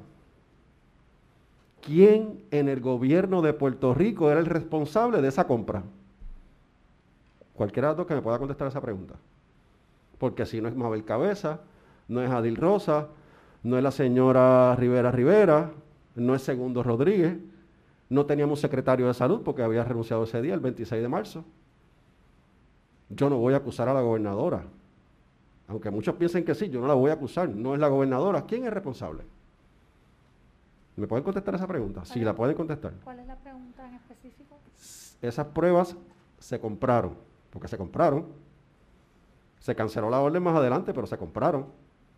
¿quién en el gobierno de Puerto Rico era el responsable de esa compra? Cualquiera de los dos que me pueda contestar esa pregunta. Porque si no es Mabel Cabeza, no es Adil Rosa, no es la señora Rivera Rivera, no es Segundo Rodríguez, no teníamos secretario de salud porque había renunciado ese día, el veintiséis de marzo. Yo no voy a acusar a la gobernadora. Aunque muchos piensen que sí, yo no la voy a acusar, no es la gobernadora. ¿Quién es responsable? ¿Me pueden contestar esa pregunta? Sí, la pueden contestar. ¿Cuál es la pregunta en específico? Esas pruebas se compraron, porque se compraron. Se canceló la orden más adelante, pero se compraron.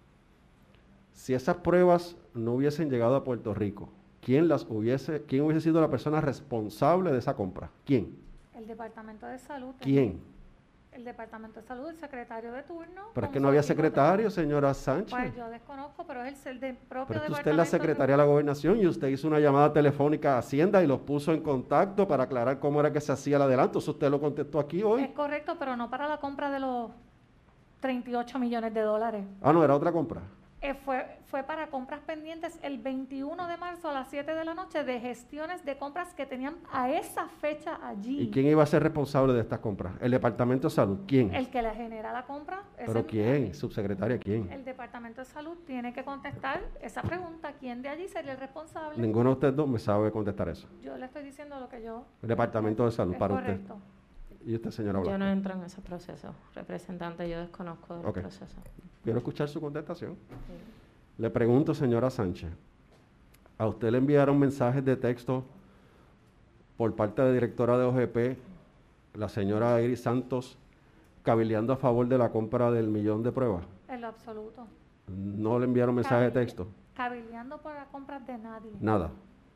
Si esas pruebas no hubiesen llegado a Puerto Rico, ¿quién las hubiese, quién hubiese sido la persona responsable de esa compra? ¿Quién? El Departamento de Salud. ¿Quién? El Departamento de Salud, el secretario de turno. Pero es que no había secretario, señora Sánchez. Pues yo desconozco, pero es el del propio Pero es que departamento. usted es la secretaria de la Gobernación y usted hizo una llamada telefónica a Hacienda y los puso en contacto para aclarar cómo era que se hacía el adelanto. Eso usted lo contestó aquí hoy. Es correcto, pero no para la compra de los treinta y ocho millones de dólares. Ah, no, era otra compra. Eh, fue, fue para compras pendientes el veintiuno de marzo a las siete de la noche de gestiones de compras que tenían a esa fecha allí. ¿Y quién iba a ser responsable de estas compras? ¿El Departamento de Salud? ¿Quién? El que le genera la compra. ¿Pero quién? ¿Subsecretaria quién? El Departamento de Salud tiene que contestar esa pregunta. ¿Quién de allí sería el responsable? Ninguno de ustedes dos me sabe contestar eso. Yo le estoy diciendo lo que yo... El Departamento de Salud, es para correcto. usted. ¿Y usted, señora Blanco? Yo no entro en ese proceso, representante, yo desconozco del okay. proceso. Quiero escuchar su contestación. Sí. Le pregunto, señora Sánchez, ¿a usted le enviaron mensajes de texto por parte de la directora de O G P, la señora Iris Santos, cabildeando a favor de la compra del millón de pruebas? En lo absoluto. ¿No le enviaron mensajes de texto? Cabildeando por las compras de nadie. Nada.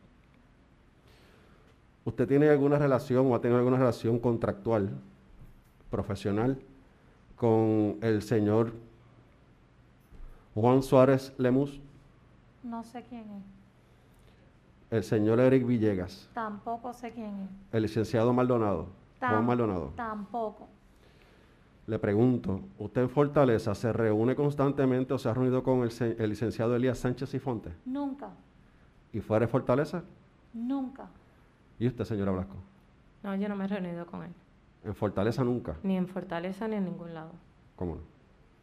¿Usted tiene alguna relación o ha tenido alguna relación contractual, profesional, con el señor Juan Suárez Lemus? No sé quién es. El señor Eric Villegas. Tampoco sé quién es. El licenciado Maldonado. Tam Juan Maldonado. Tampoco. Le pregunto, ¿usted en Fortaleza se reúne constantemente o se ha reunido con el, el licenciado Elías Sánchez y Fonte? Nunca. ¿Y fuera de Fortaleza? Nunca. ¿Y usted, señora Blasco? No, yo no me he reunido con él. ¿En Fortaleza nunca? Ni en Fortaleza ni en ningún lado. ¿Cómo no?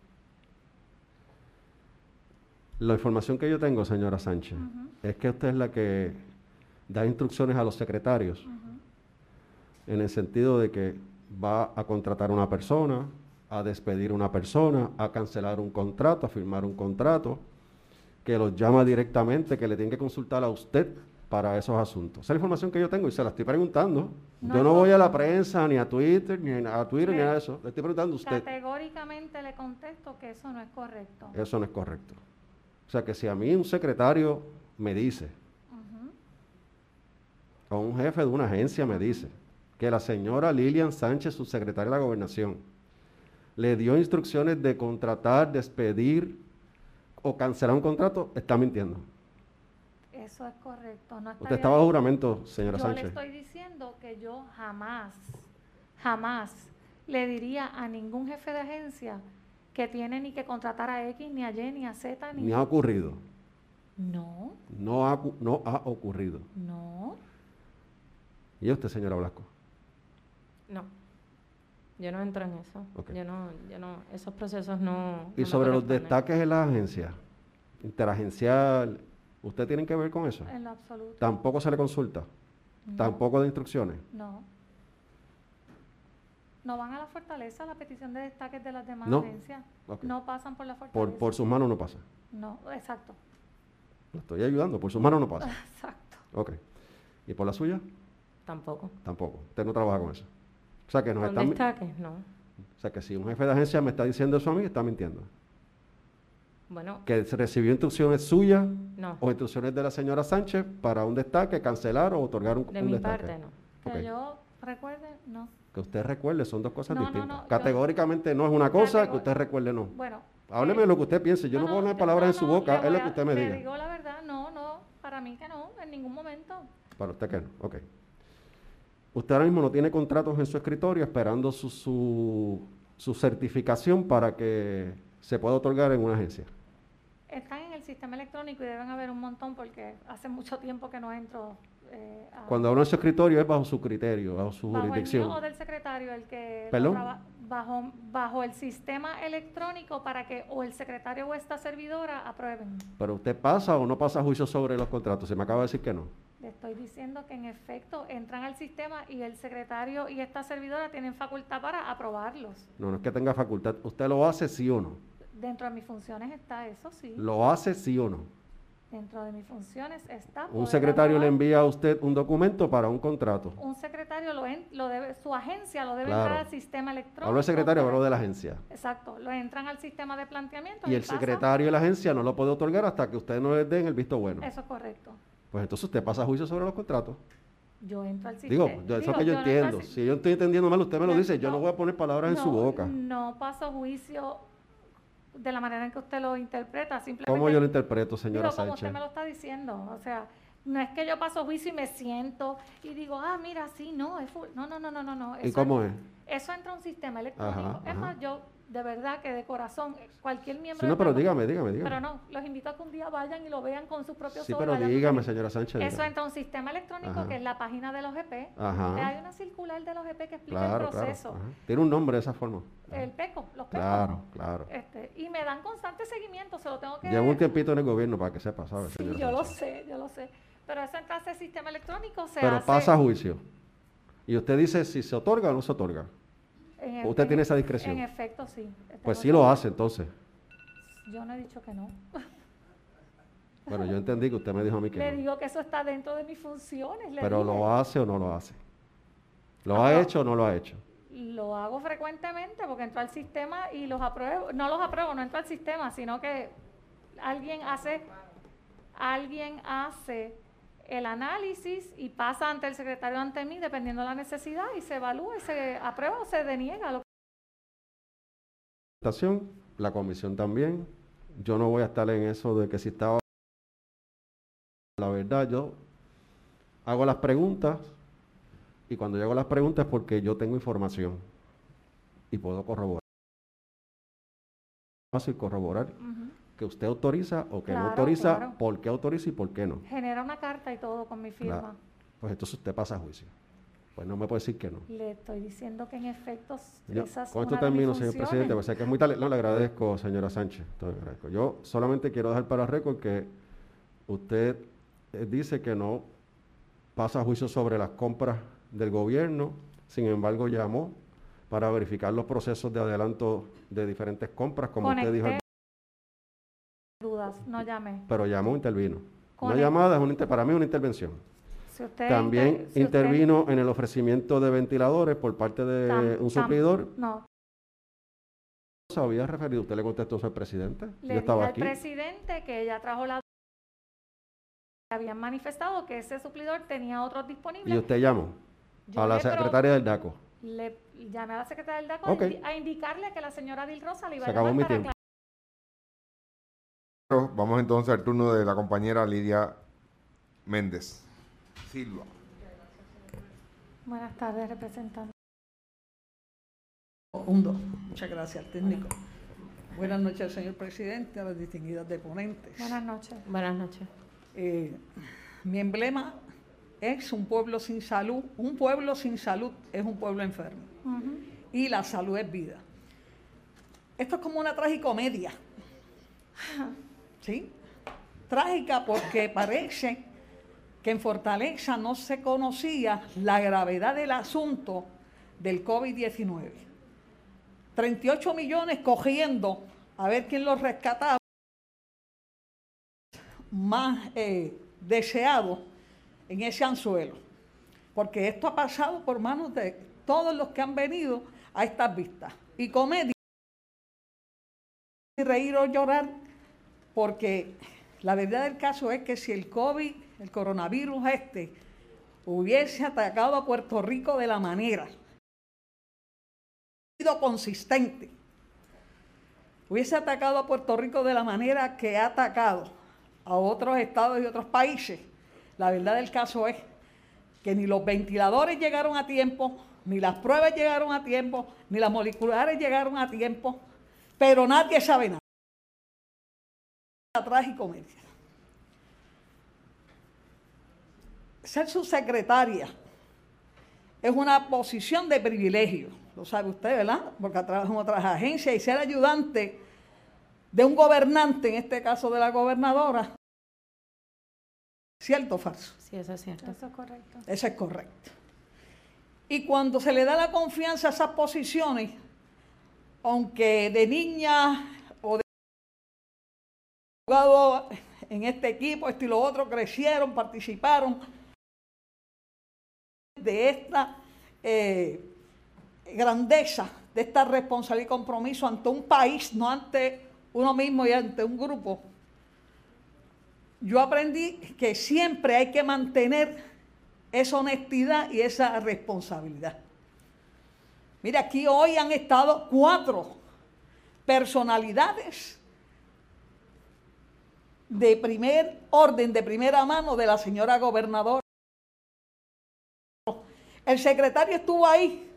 La información que yo tengo, señora Sánchez, uh-huh. es que usted es la que da instrucciones a los secretarios uh-huh. en el sentido de que va a contratar a una persona, a despedir a una persona, a cancelar un contrato, a firmar un contrato, que los llama directamente, que le tienen que consultar a usted para esos asuntos. Esa es la información que yo tengo y se la estoy preguntando. No, yo no voy a la prensa, ni a Twitter, ni a Twitter, ni a eso. Le estoy preguntando a usted. Categóricamente le contesto que eso no es correcto. Eso no es correcto. O sea, que si a mí un secretario me dice, uh-huh. o un jefe de una agencia me dice, que la señora Lilian Sánchez, subsecretaria de la Gobernación, le dio instrucciones de contratar, despedir o cancelar un contrato, está mintiendo. Eso es correcto. No Usted está bajo juramento, señora yo Sánchez. Yo le estoy diciendo que yo jamás, jamás le diría a ningún jefe de agencia que tiene ni que contratar a X, ni a Y, ni a Z, ni... Ni ha ocurrido. No. No ha, no ha ocurrido. No. ¿Y usted, señora Blasco? No. Yo no entro en eso. Okay. Yo no, yo no, esos procesos no... ¿Y no sobre los destaques en las agencias? interagencial, ¿usted tiene que ver con eso? En lo absoluto. ¿Tampoco se le consulta? No. ¿Tampoco de instrucciones? No. No van a la fortaleza, la petición de destaques de las demás No. agencias. Okay. No pasan por la fortaleza. Por, por sus manos no pasa. No, exacto. Lo estoy ayudando, por sus manos no pasa. Exacto. Ok. ¿Y por la suya? Tampoco. Tampoco. Usted no trabaja con eso. O sea que nos ¿Con están... destaques? No. O sea que si un jefe de agencia me está diciendo eso a mí, está mintiendo. Bueno, Que se recibió instrucciones suyas no. o instrucciones de la señora Sánchez para un destaque, cancelar o otorgar un, De un mi destaque. parte, no. Que Ok. yo recuerde, no. Que usted recuerde, son dos cosas No, no, distintas. no, yo- Categóricamente no es una cosa, Categor- que usted recuerde no. Bueno. Hábleme eh, lo que usted piense, yo no, puedo poner yo- palabras no, en su no, boca, le es voy lo que a- usted me le diga. digo la verdad, no, no, para mí que no, en ningún momento. Para usted que no, ok. Usted ahora mismo no tiene contratos en su escritorio esperando su, su, su certificación para que se pueda otorgar en una agencia. Están en el sistema electrónico y deben haber un montón porque hace mucho tiempo que no entro eh, a... Cuando hablo en su escritorio es bajo su criterio, bajo su bajo el jurisdicción. mío o del secretario, el que lo ¿Perdón? traba- bajo, bajo el sistema electrónico para que o el secretario o esta servidora aprueben. Pero usted pasa o no pasa juicio sobre los contratos, se me acaba de decir que no. Le estoy diciendo que en efecto entran al sistema y el secretario y esta servidora tienen facultad para aprobarlos. No, no es que tenga facultad, usted lo hace sí o no. Dentro de mis funciones está eso, sí. Lo hace sí o no. Dentro de mis funciones está... Un poder secretario le aprobar. envía a usted un documento para un contrato. Un secretario lo, en- lo debe, su agencia lo debe Claro. entrar al sistema electrónico. Hablo del secretario, para- hablo de la agencia. Exacto, lo entran al sistema de planteamiento. Y el pasa- secretario de la agencia no lo puede otorgar hasta que usted no le den el visto bueno. Eso es correcto. Pues entonces usted pasa juicio sobre los contratos. Yo entro al sistema. Digo, yo- eso es que yo entiendo. Si yo estoy entendiendo mal, usted me lo No, dice. Yo no no, voy a poner palabras en su no, boca. No paso juicio de la manera en que usted lo interpreta. Simplemente, ¿Cómo yo lo interpreto, señora digo, como Sánchez? usted me lo está diciendo. O sea, no es que yo paso juicio y me siento y digo, ah, mira, sí, no, es full. No, no, no, no, no. no. ¿Y Eso cómo en- es? Eso entra a un sistema electrónico. Ajá, es ajá. más, yo de verdad que de corazón, cualquier miembro... Sí, no, de pero esta- dígame, dígame, dígame. Pero no, los invito a que un día vayan y lo vean con sus propios Sí, ojos. pero vayan- dígame, señora Sánchez. Eso dígame. entra a un sistema electrónico Ajá. que es la página de los G P. Ajá. Hay una circular de los G P que explica Claro, el claro. proceso. ajá. Tiene un nombre de esa forma. El PECO, los PECO. Claro, claro. Este, y me dan constante seguimiento, se lo tengo que... Llevo un tiempito en el gobierno para que sepa, ¿sabes? Sí, señora yo lo Sánchez? sé, yo lo sé. Pero eso entra a ese sistema electrónico, se Pero hace... pasa a juicio. Y usted dice si se otorga o no se otorga. en e- usted en- tiene esa discreción. En efecto, sí. Pues Tengo sí esa- lo hace entonces. Yo no he dicho que no. Bueno, yo entendí que usted me dijo a mí que Le no. digo que eso está dentro de mis funciones. le Pero dije. lo hace o no lo hace. ¿Lo Ah, ha no. hecho o no lo ha hecho? Lo hago frecuentemente porque entro al sistema y los apruebo. No los apruebo, no entro al sistema, sino que alguien hace, alguien hace el análisis y pasa ante el secretario ante mí, dependiendo de la necesidad, y se evalúa y se aprueba o se deniega. Lo La comisión también. Yo no voy a estar en eso de que si estaba... La verdad, yo hago las preguntas y cuando yo hago las preguntas es porque yo tengo información y puedo corroborar. Fácil corroborar Ujú. que usted autoriza o que no Claro, autoriza, claro. por qué autoriza y por qué no. Genera una carta y todo con mi firma. Claro. Pues entonces usted pasa a juicio. Pues no me puede decir que no. Le estoy diciendo que en efecto Yo, esas con una esto de mis termino, señor funciones. presidente, pues sé que es muy tarde. No, le agradezco, señora Sánchez. te lo agradezco. Yo solamente quiero dejar para récord que usted eh, dice que no pasa juicio sobre las compras del gobierno, sin embargo llamó para verificar los procesos de adelanto de diferentes compras, como usted dijo, Conecté dudas, no llamé. pero llamó, intervino. Una Conecté. llamada es una, inter- para mí es una intervención. Si usted También inter- si usted- intervino en el ofrecimiento de ventiladores por parte de tam- un tam- suplidor. No, ¿Se había referido? ¿Usted le contestó eso al presidente? le Yo dije estaba al aquí. presidente que ella trajo la habían manifestado que ese suplidor tenía otros disponibles. Y usted llamó Yo a la le pro- secretaria del DACO. Le llamé a la secretaria del DACO Ok. a indi- a indicarle que la señora Dil Rosa le iba Se a acabó llamar mi para tiempo. aclarar. Vamos entonces al turno de la compañera Lidia Méndez Silva. Buenas tardes, representante. Un, dos. Muchas gracias al técnico. Buenas noches, señor presidente, a las distinguidas deponentes. Buenas noches. Buenas noches. Eh, mi emblema es un pueblo sin salud. Un pueblo sin salud es un pueblo enfermo. Ujú. Y la salud es vida. Esto es como una tragicomedia. ¿Sí? trágica porque parece que en Fortaleza no se conocía la gravedad del asunto del COVID diecinueve. treinta y ocho millones cogiendo a ver quién los rescataba más eh, deseado en ese anzuelo, porque esto ha pasado por manos de todos los que han venido a estas vistas. Y comedia, y reír o llorar, porque la verdad del caso es que si el COVID, el coronavirus este, hubiese atacado a Puerto Rico de la manera, sido consistente, hubiese atacado a Puerto Rico de la manera que ha atacado a otros estados y otros países, la verdad del caso es que ni los ventiladores llegaron a tiempo, ni las pruebas llegaron a tiempo, ni las moleculares llegaron a tiempo, pero nadie sabe nada. Tragicomedia. Ser subsecretaria es una posición de privilegio, lo sabe usted, ¿verdad? Porque trabaja en otras agencias, y ser ayudante de un gobernante, en este caso de la gobernadora, ¿cierto o falso? Sí, eso es cierto. Eso es correcto. Eso es correcto. Y cuando se le da la confianza a esas posiciones, aunque de niña o de jugado en este equipo, esto y lo otro, crecieron, participaron de esta eh, grandeza, de esta responsabilidad y compromiso ante un país, no ante uno mismo y ante un grupo. Yo aprendí que siempre hay que mantener esa honestidad y esa responsabilidad. Mira, aquí hoy han estado cuatro personalidades de primer orden, de primera mano de la señora gobernadora. El secretario estuvo ahí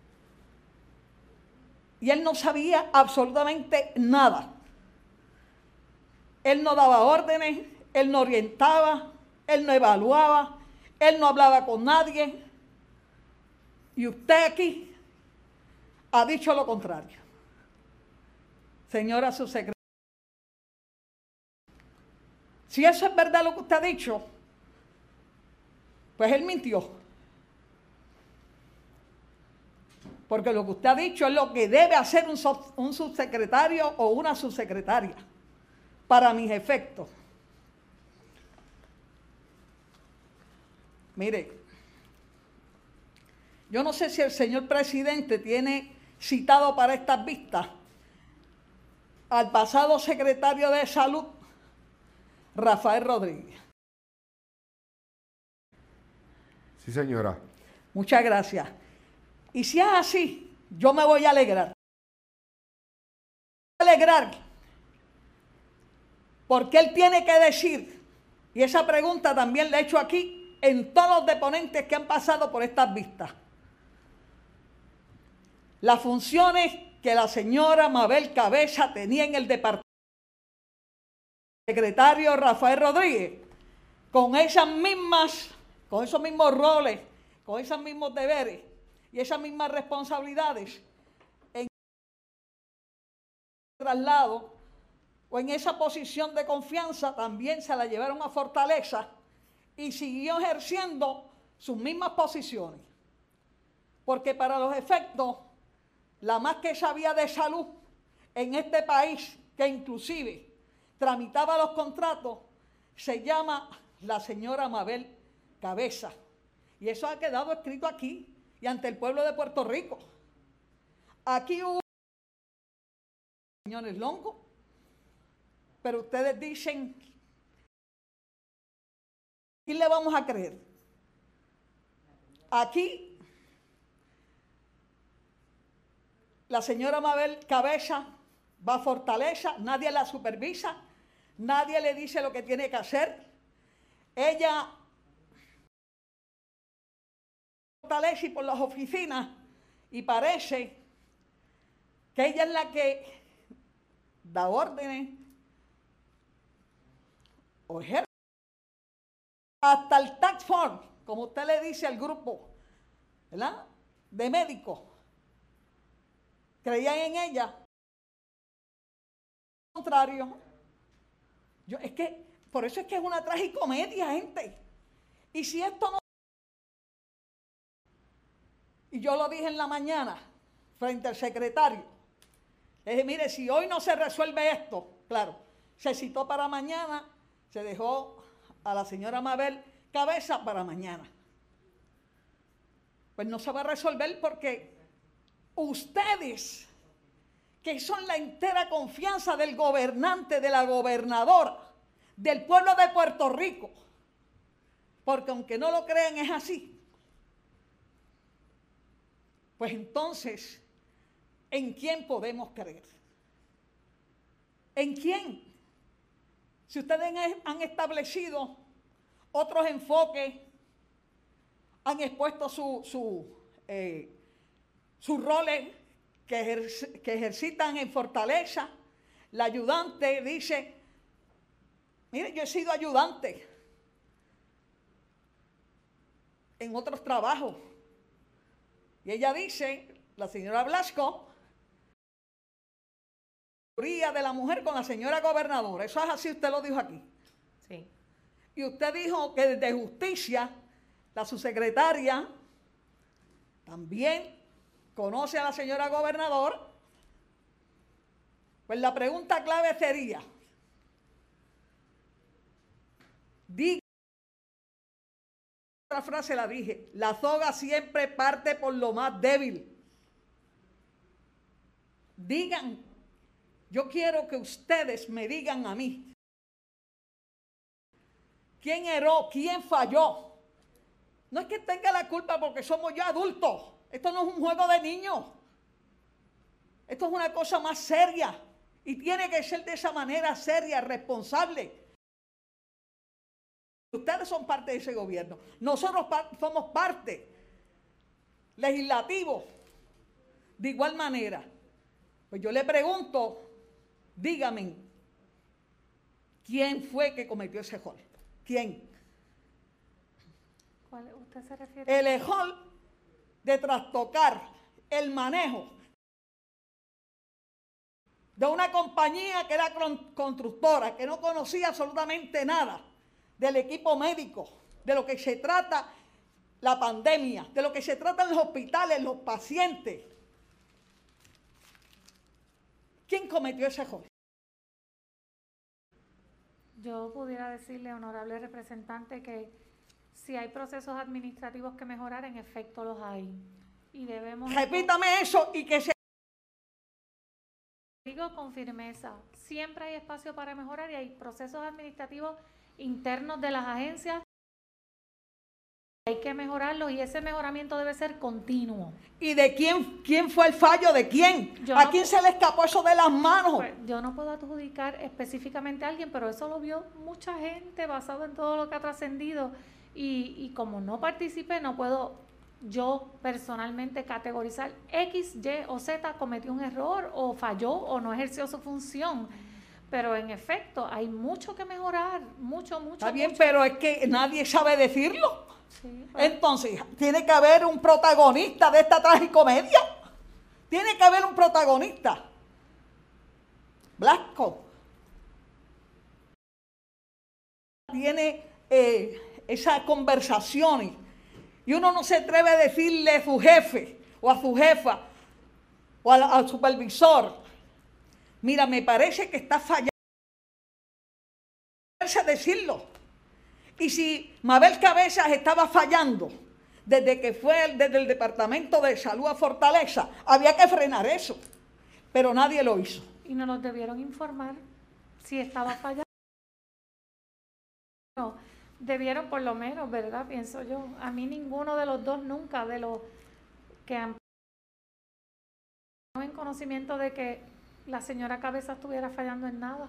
y él no sabía absolutamente nada. Él no daba órdenes, él no orientaba, él no evaluaba, él no hablaba con nadie. Y usted aquí ha dicho lo contrario. Señora subsecretaria, si eso es verdad lo que usted ha dicho, pues él mintió. Porque lo que usted ha dicho es lo que debe hacer un, sub, un subsecretario o una subsecretaria, para mis efectos. Mire, yo no sé si el señor presidente tiene citado para estas vistas al pasado secretario de Salud, Rafael Rodríguez. Sí, señora. Muchas gracias. Y si es así, yo me voy a alegrar. Alegrar. Porque él tiene que decir, y esa pregunta también la he hecho aquí en todos los deponentes que han pasado por estas vistas. Las funciones que la señora Mabel Cabeza tenía en el departamento. Secretario Rafael Rodríguez, con esas mismas, con esos mismos roles, con esos mismos deberes y esas mismas responsabilidades en traslado o en esa posición de confianza, también se la llevaron a Fortaleza y siguió ejerciendo sus mismas posiciones. Porque para los efectos, la más que sabía de salud en este país, que inclusive tramitaba los contratos, se llama la señora Mabel Cabeza. Y eso ha quedado escrito aquí y ante el pueblo de Puerto Rico. Aquí hubo señores Longo, pero ustedes dicen, ¿quién le vamos a creer? Aquí, la señora Mabel Cabeza va a Fortaleza, nadie la supervisa, nadie le dice lo que tiene que hacer. Ella fortalece por las oficinas y parece que ella es la que da órdenes o ejerce hasta el tax force, como usted le dice al grupo, ¿verdad?, de médicos. Creían en ella. Al contrario, yo, es que Por eso es que es una tragicomedia, gente. Y si esto no... Y yo lo dije en la mañana, frente al secretario. Le dije, mire, si hoy no se resuelve esto, claro, se citó para mañana, se dejó a la señora Mabel Cabeza para mañana. Pues no se va a resolver porque ustedes, que son la entera confianza del gobernante, de la gobernadora, del pueblo de Puerto Rico, porque aunque no lo crean es así, pues entonces, ¿en quién podemos creer? ¿En quién? Si ustedes han establecido otros enfoques, han expuesto su, su, eh, sus roles que, ejer, que ejercitan en Fortaleza, la ayudante dice, mire, yo he sido ayudante en otros trabajos. Y ella dice, la señora Blasco, de la mujer con la señora gobernadora. Eso es así, usted lo dijo aquí. Sí. Y usted dijo que desde Justicia, la subsecretaria también conoce a la señora gobernadora. Pues la pregunta clave sería, diga, otra frase la dije, la soga siempre parte por lo más débil. Digan, yo quiero que ustedes me digan a mí, ¿quién erró? ¿Quién falló? No es que tenga la culpa porque somos ya adultos. Esto no es un juego de niños. Esto es una cosa más seria. Y tiene que ser de esa manera seria, responsable. Ustedes son parte de ese gobierno. Nosotros somos parte legislativo. De igual manera. Pues yo le pregunto, dígame, ¿quién fue que cometió ese error? ¿Quién? ¿Cuál usted se refiere? El error de trastocar el manejo de una compañía que era constructora, que no conocía absolutamente nada del equipo médico, de lo que se trata la pandemia, de lo que se trata en los hospitales, los pacientes. ¿Quién cometió ese error? Yo pudiera decirle, honorable representante, que si hay procesos administrativos que mejorar, en efecto los hay. Y debemos... Repítame eso y que se... Digo con firmeza, siempre hay espacio para mejorar y hay procesos administrativos internos de las agencias. Hay que mejorarlos y ese mejoramiento debe ser continuo. ¿Y de quién, quién fue el fallo? ¿De quién? Yo ¿A no, quién se le escapó eso de las manos? Pues, yo no puedo adjudicar específicamente a alguien, pero eso lo vio mucha gente basado en todo lo que ha trascendido. Y, y como no participé, no puedo yo personalmente categorizar X, Y o Z cometió un error o falló o no ejerció su función. Pero en efecto, hay mucho que mejorar, mucho, mucho. Está bien, mucho. pero es que nadie sabe decirlo. Sí, bueno. Entonces, tiene que haber un protagonista de esta tragicomedia. Tiene que haber un protagonista. Blasco tiene eh, esas conversaciones y uno no se atreve a decirle a su jefe o a su jefa o al, al supervisor, mira, me parece que está fallando. A decirlo. Y si Mabel Cabezas estaba fallando desde que fue desde el Departamento de Salud a Fortaleza, había que frenar eso, pero nadie lo hizo. Y no nos debieron informar si estaba fallando. No, debieron por lo menos, ¿verdad? Pienso yo. A mí ninguno de los dos nunca, de los que han en conocimiento de que la señora Cabezas estuviera fallando en nada.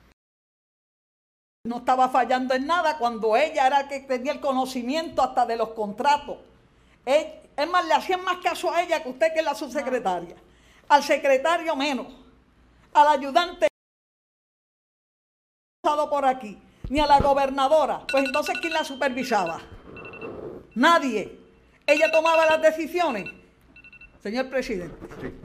No estaba fallando en nada cuando ella era la que tenía el conocimiento hasta de los contratos. Es más, le hacían más caso a ella que usted, que es la subsecretaria. Al secretario menos. Al ayudante pasado por aquí. Ni a la gobernadora. Pues entonces, ¿quién la supervisaba? Nadie. Ella tomaba las decisiones. Señor presidente. Sí.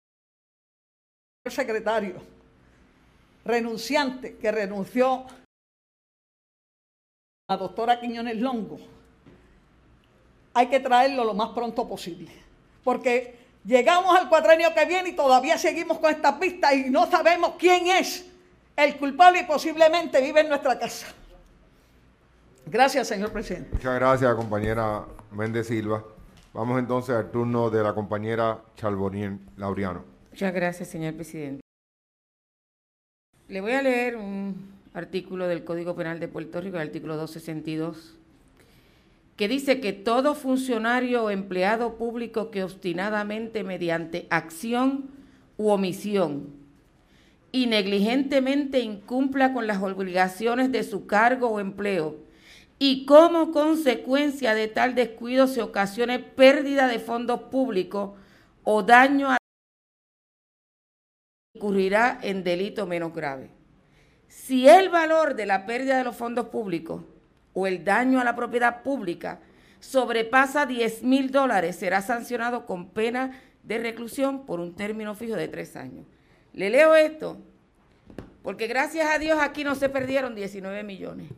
El secretario renunciante que renunció la doctora Quiñones Longo, hay que traerlo lo más pronto posible, porque llegamos al cuatrenio que viene y todavía seguimos con estas pistas y no sabemos quién es el culpable y posiblemente vive en nuestra casa. Gracias, señor presidente. Muchas gracias, compañera Méndez Silva. Vamos entonces al turno de la compañera Charbonnier Laureano. Muchas gracias, señor presidente. Le voy a leer un artículo del Código Penal de Puerto Rico, el artículo doscientos sesenta y dos, que dice que todo funcionario o empleado público que obstinadamente, mediante acción u omisión y negligentemente incumpla con las obligaciones de su cargo o empleo y como consecuencia de tal descuido se ocasione pérdida de fondos públicos o daño a incurrirá en delito menos grave. Si el valor de la pérdida de los fondos públicos o el daño a la propiedad pública sobrepasa diez mil dólares, será sancionado con pena de reclusión por un término fijo de tres años. Le leo esto porque gracias a Dios aquí no se perdieron diecinueve millones.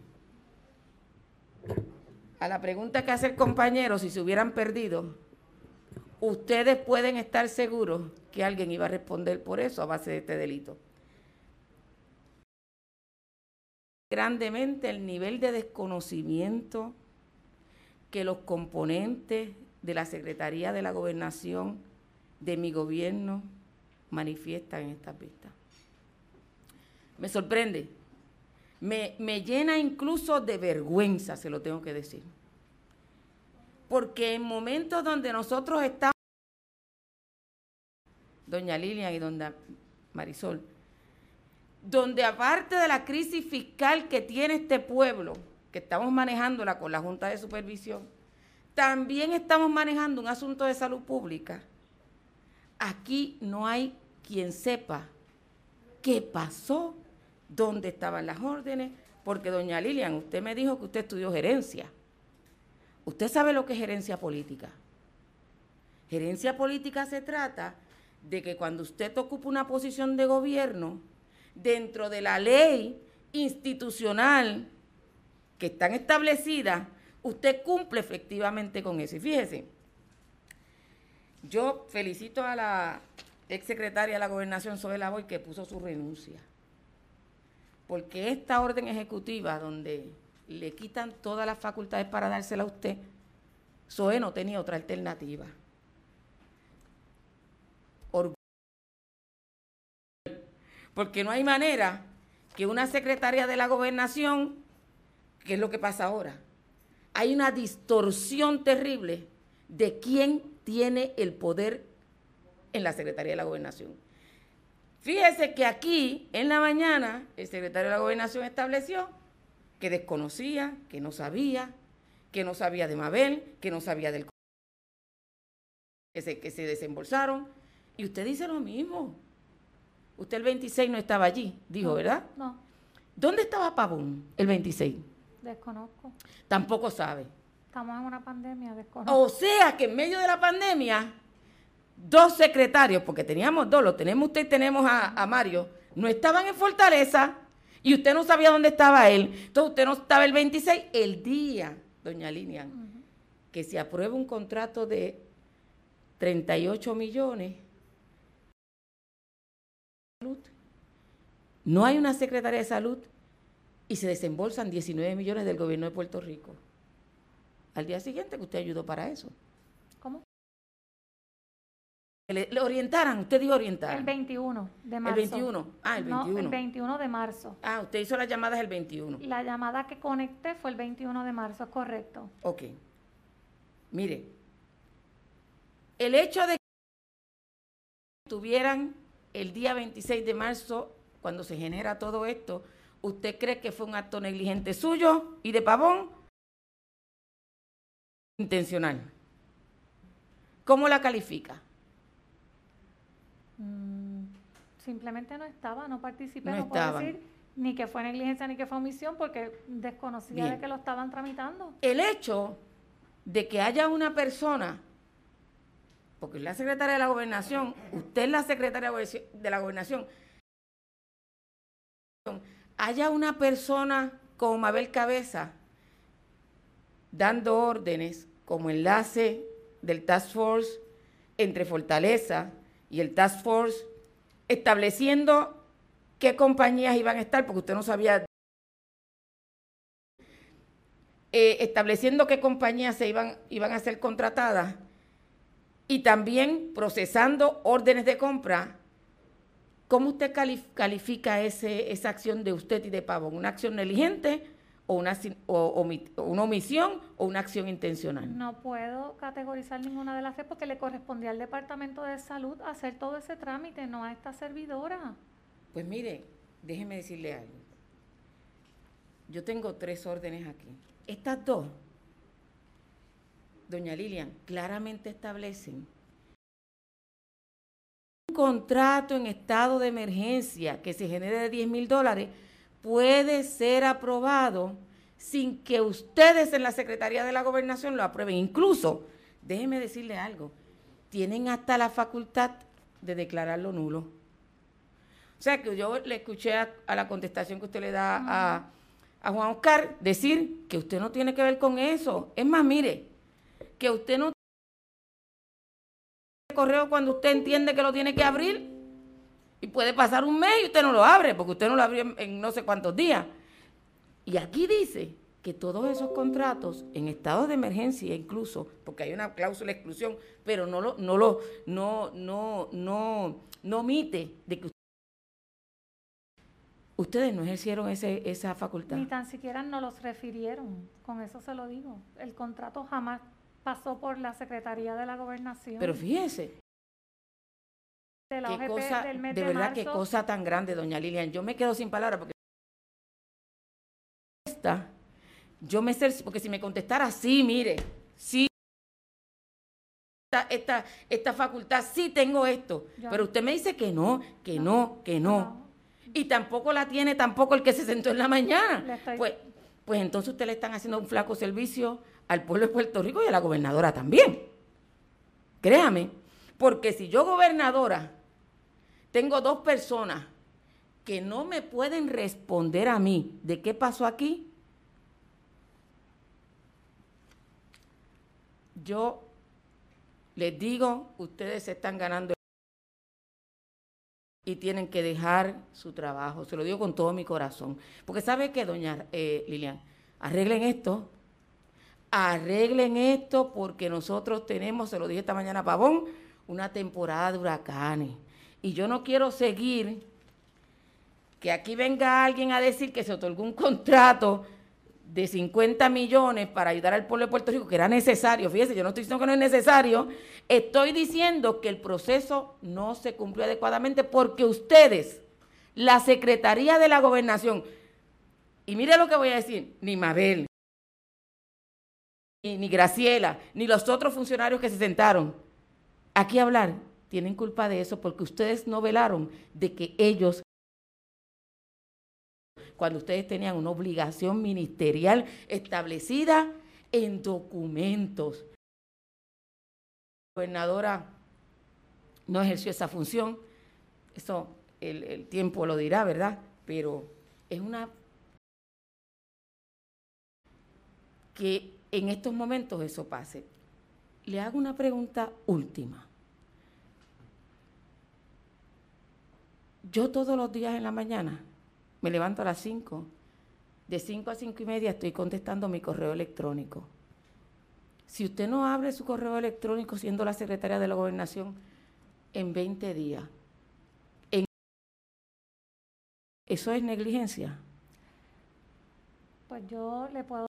A la pregunta que hace el compañero, si se hubieran perdido, ustedes pueden estar seguros que alguien iba a responder por eso a base de este delito. Grandemente el nivel de desconocimiento que los componentes de la Secretaría de la Gobernación de mi gobierno manifiestan en estas vistas. Me sorprende, me, me llena incluso de vergüenza, se lo tengo que decir. Porque en momentos donde nosotros estamos, doña Lilian y doña Marisol, donde aparte de la crisis fiscal que tiene este pueblo, que estamos manejándola con la Junta de Supervisión, también estamos manejando un asunto de salud pública. Aquí no hay quien sepa qué pasó, dónde estaban las órdenes, porque doña Lilian, usted me dijo que usted estudió gerencia. Usted sabe lo que es gerencia política. Gerencia política se trata de que cuando usted ocupa una posición de gobierno, dentro de la ley institucional que están establecidas, usted cumple efectivamente con eso. Y fíjese, yo felicito a la exsecretaria de la Gobernación, Zoe Lavoy, que puso su renuncia, porque esta orden ejecutiva donde le quitan todas las facultades para dársela a usted, Zoe no tenía otra alternativa. Orgullo. Porque no hay manera que una secretaria de la Gobernación, que es lo que pasa ahora, hay una distorsión terrible de quién tiene el poder en la Secretaría de la Gobernación. Fíjese que aquí, en la mañana, el secretario de la Gobernación estableció que desconocía, que no sabía, que no sabía de Mabel, que no sabía del que se, que se desembolsaron, y usted dice lo mismo. Usted el veintiséis no estaba allí, dijo, no, ¿verdad? No. ¿Dónde estaba Pavón el veintiséis? Desconozco. Tampoco sabe. Estamos en una pandemia, desconozco. O sea que en medio de la pandemia, dos secretarios, porque teníamos dos, lo tenemos usted y tenemos a, a Mario, no estaban en Fortaleza y usted no sabía dónde estaba él. Entonces usted no estaba el veintiséis, el día, doña Lilian, uh-huh, que se aprueba un contrato de treinta y ocho millones. No hay una secretaria de salud y se desembolsan diecinueve millones del gobierno de Puerto Rico. Al día siguiente que usted ayudó para eso. ¿Cómo? Le, le orientaran, usted dijo orientar. El veintiuno de marzo. El veintiuno, ah, el veintiuno. No, el veintiuno de marzo. Ah, usted hizo las llamadas el veintiuno. La llamada que conecté fue el veintiuno de marzo, es correcto. Ok. Mire, el hecho de que tuvieran el día veintiséis de marzo, cuando se genera todo esto, ¿usted cree que fue un acto negligente suyo y de Pavón? Intencional. ¿Cómo la califica? Mm, simplemente no estaba, no participé, No no, estaba. puedo decir ni que fue negligencia ni que fue omisión porque desconocía Bien. de que lo estaban tramitando. El hecho de que haya una persona, porque es la secretaria de la Gobernación, usted es la secretaria de la Gobernación, haya una persona como Mabel Cabeza dando órdenes como enlace del Task Force entre Fortaleza y el Task Force, estableciendo qué compañías iban a estar, porque usted no sabía, eh, estableciendo qué compañías se iban, iban a ser contratadas y también procesando órdenes de compra. ¿Cómo usted califica ese, esa acción de usted y de Pavón? ¿Una acción negligente o una, o, o una omisión o una acción intencional? No puedo categorizar ninguna de las tres porque le correspondía al Departamento de Salud hacer todo ese trámite, no a esta servidora. Pues mire, déjeme decirle algo. Yo tengo tres órdenes aquí. Estas dos, doña Lilian, claramente establecen un contrato en estado de emergencia que se genere de diez mil dólares puede ser aprobado sin que ustedes en la Secretaría de la Gobernación lo aprueben. Incluso, déjeme decirle algo, tienen hasta la facultad de declararlo nulo. O sea, que yo le escuché a, a la contestación que usted le da uh-huh. a, a Juan Oscar decir que usted no tiene que ver con eso. Es más, mire, que usted no tiene correo cuando usted entiende que lo tiene que abrir y puede pasar un mes y usted no lo abre porque usted no lo abrió en, en no sé cuántos días. Y aquí dice que todos esos contratos en estado de emergencia incluso, porque hay una cláusula de exclusión, pero no lo, no lo, no, no, no, no omite de que ustedes no ejercieron ese, esa facultad. Ni tan siquiera nos los refirieron, con eso se lo digo. El contrato jamás pasó por la Secretaría de la Gobernación. Pero fíjese, de, la qué O G P cosa, del mes de de verdad, marzo, qué cosa tan grande, doña Lilian. Yo me quedo sin palabras porque esta, yo me sé, porque si me contestara sí, mire, sí, esta, esta, esta facultad, sí tengo esto, yo. Pero usted me dice que no, que no, no que no. no. Y tampoco la tiene tampoco el que se sentó en la mañana. Estoy... Pues, pues entonces usted le están haciendo un flaco servicio al pueblo de Puerto Rico y a la gobernadora también. Créame, porque si yo gobernadora tengo dos personas que no me pueden responder a mí de qué pasó aquí, yo les digo, ustedes se están ganando y tienen que dejar su trabajo. Se lo digo con todo mi corazón. Porque ¿sabe qué, doña eh, Lilian? Arreglen esto. Arreglen esto porque nosotros tenemos, se lo dije esta mañana a Pavón, una temporada de huracanes. Y yo no quiero seguir que aquí venga alguien a decir que se otorgó un contrato de cincuenta millones para ayudar al pueblo de Puerto Rico, que era necesario. Fíjese, yo no estoy diciendo que no es necesario, estoy diciendo que el proceso no se cumplió adecuadamente porque ustedes, la Secretaría de la Gobernación, y mire lo que voy a decir, ni Mabel, ni, ni Graciela, ni los otros funcionarios que se sentaron aquí a hablar, tienen culpa de eso porque ustedes no velaron de que ellos, cuando ustedes tenían una obligación ministerial establecida en documentos. La gobernadora no ejerció esa función, eso el, el tiempo lo dirá, ¿verdad? Pero es una que en estos momentos eso pase. Le hago una pregunta última. Yo todos los días en la mañana me levanto a las cinco. De cinco a cinco y media estoy contestando mi correo electrónico. Si usted no abre su correo electrónico siendo la secretaria de la Gobernación en veinte días, en... ¿eso es negligencia? Pues yo le puedo...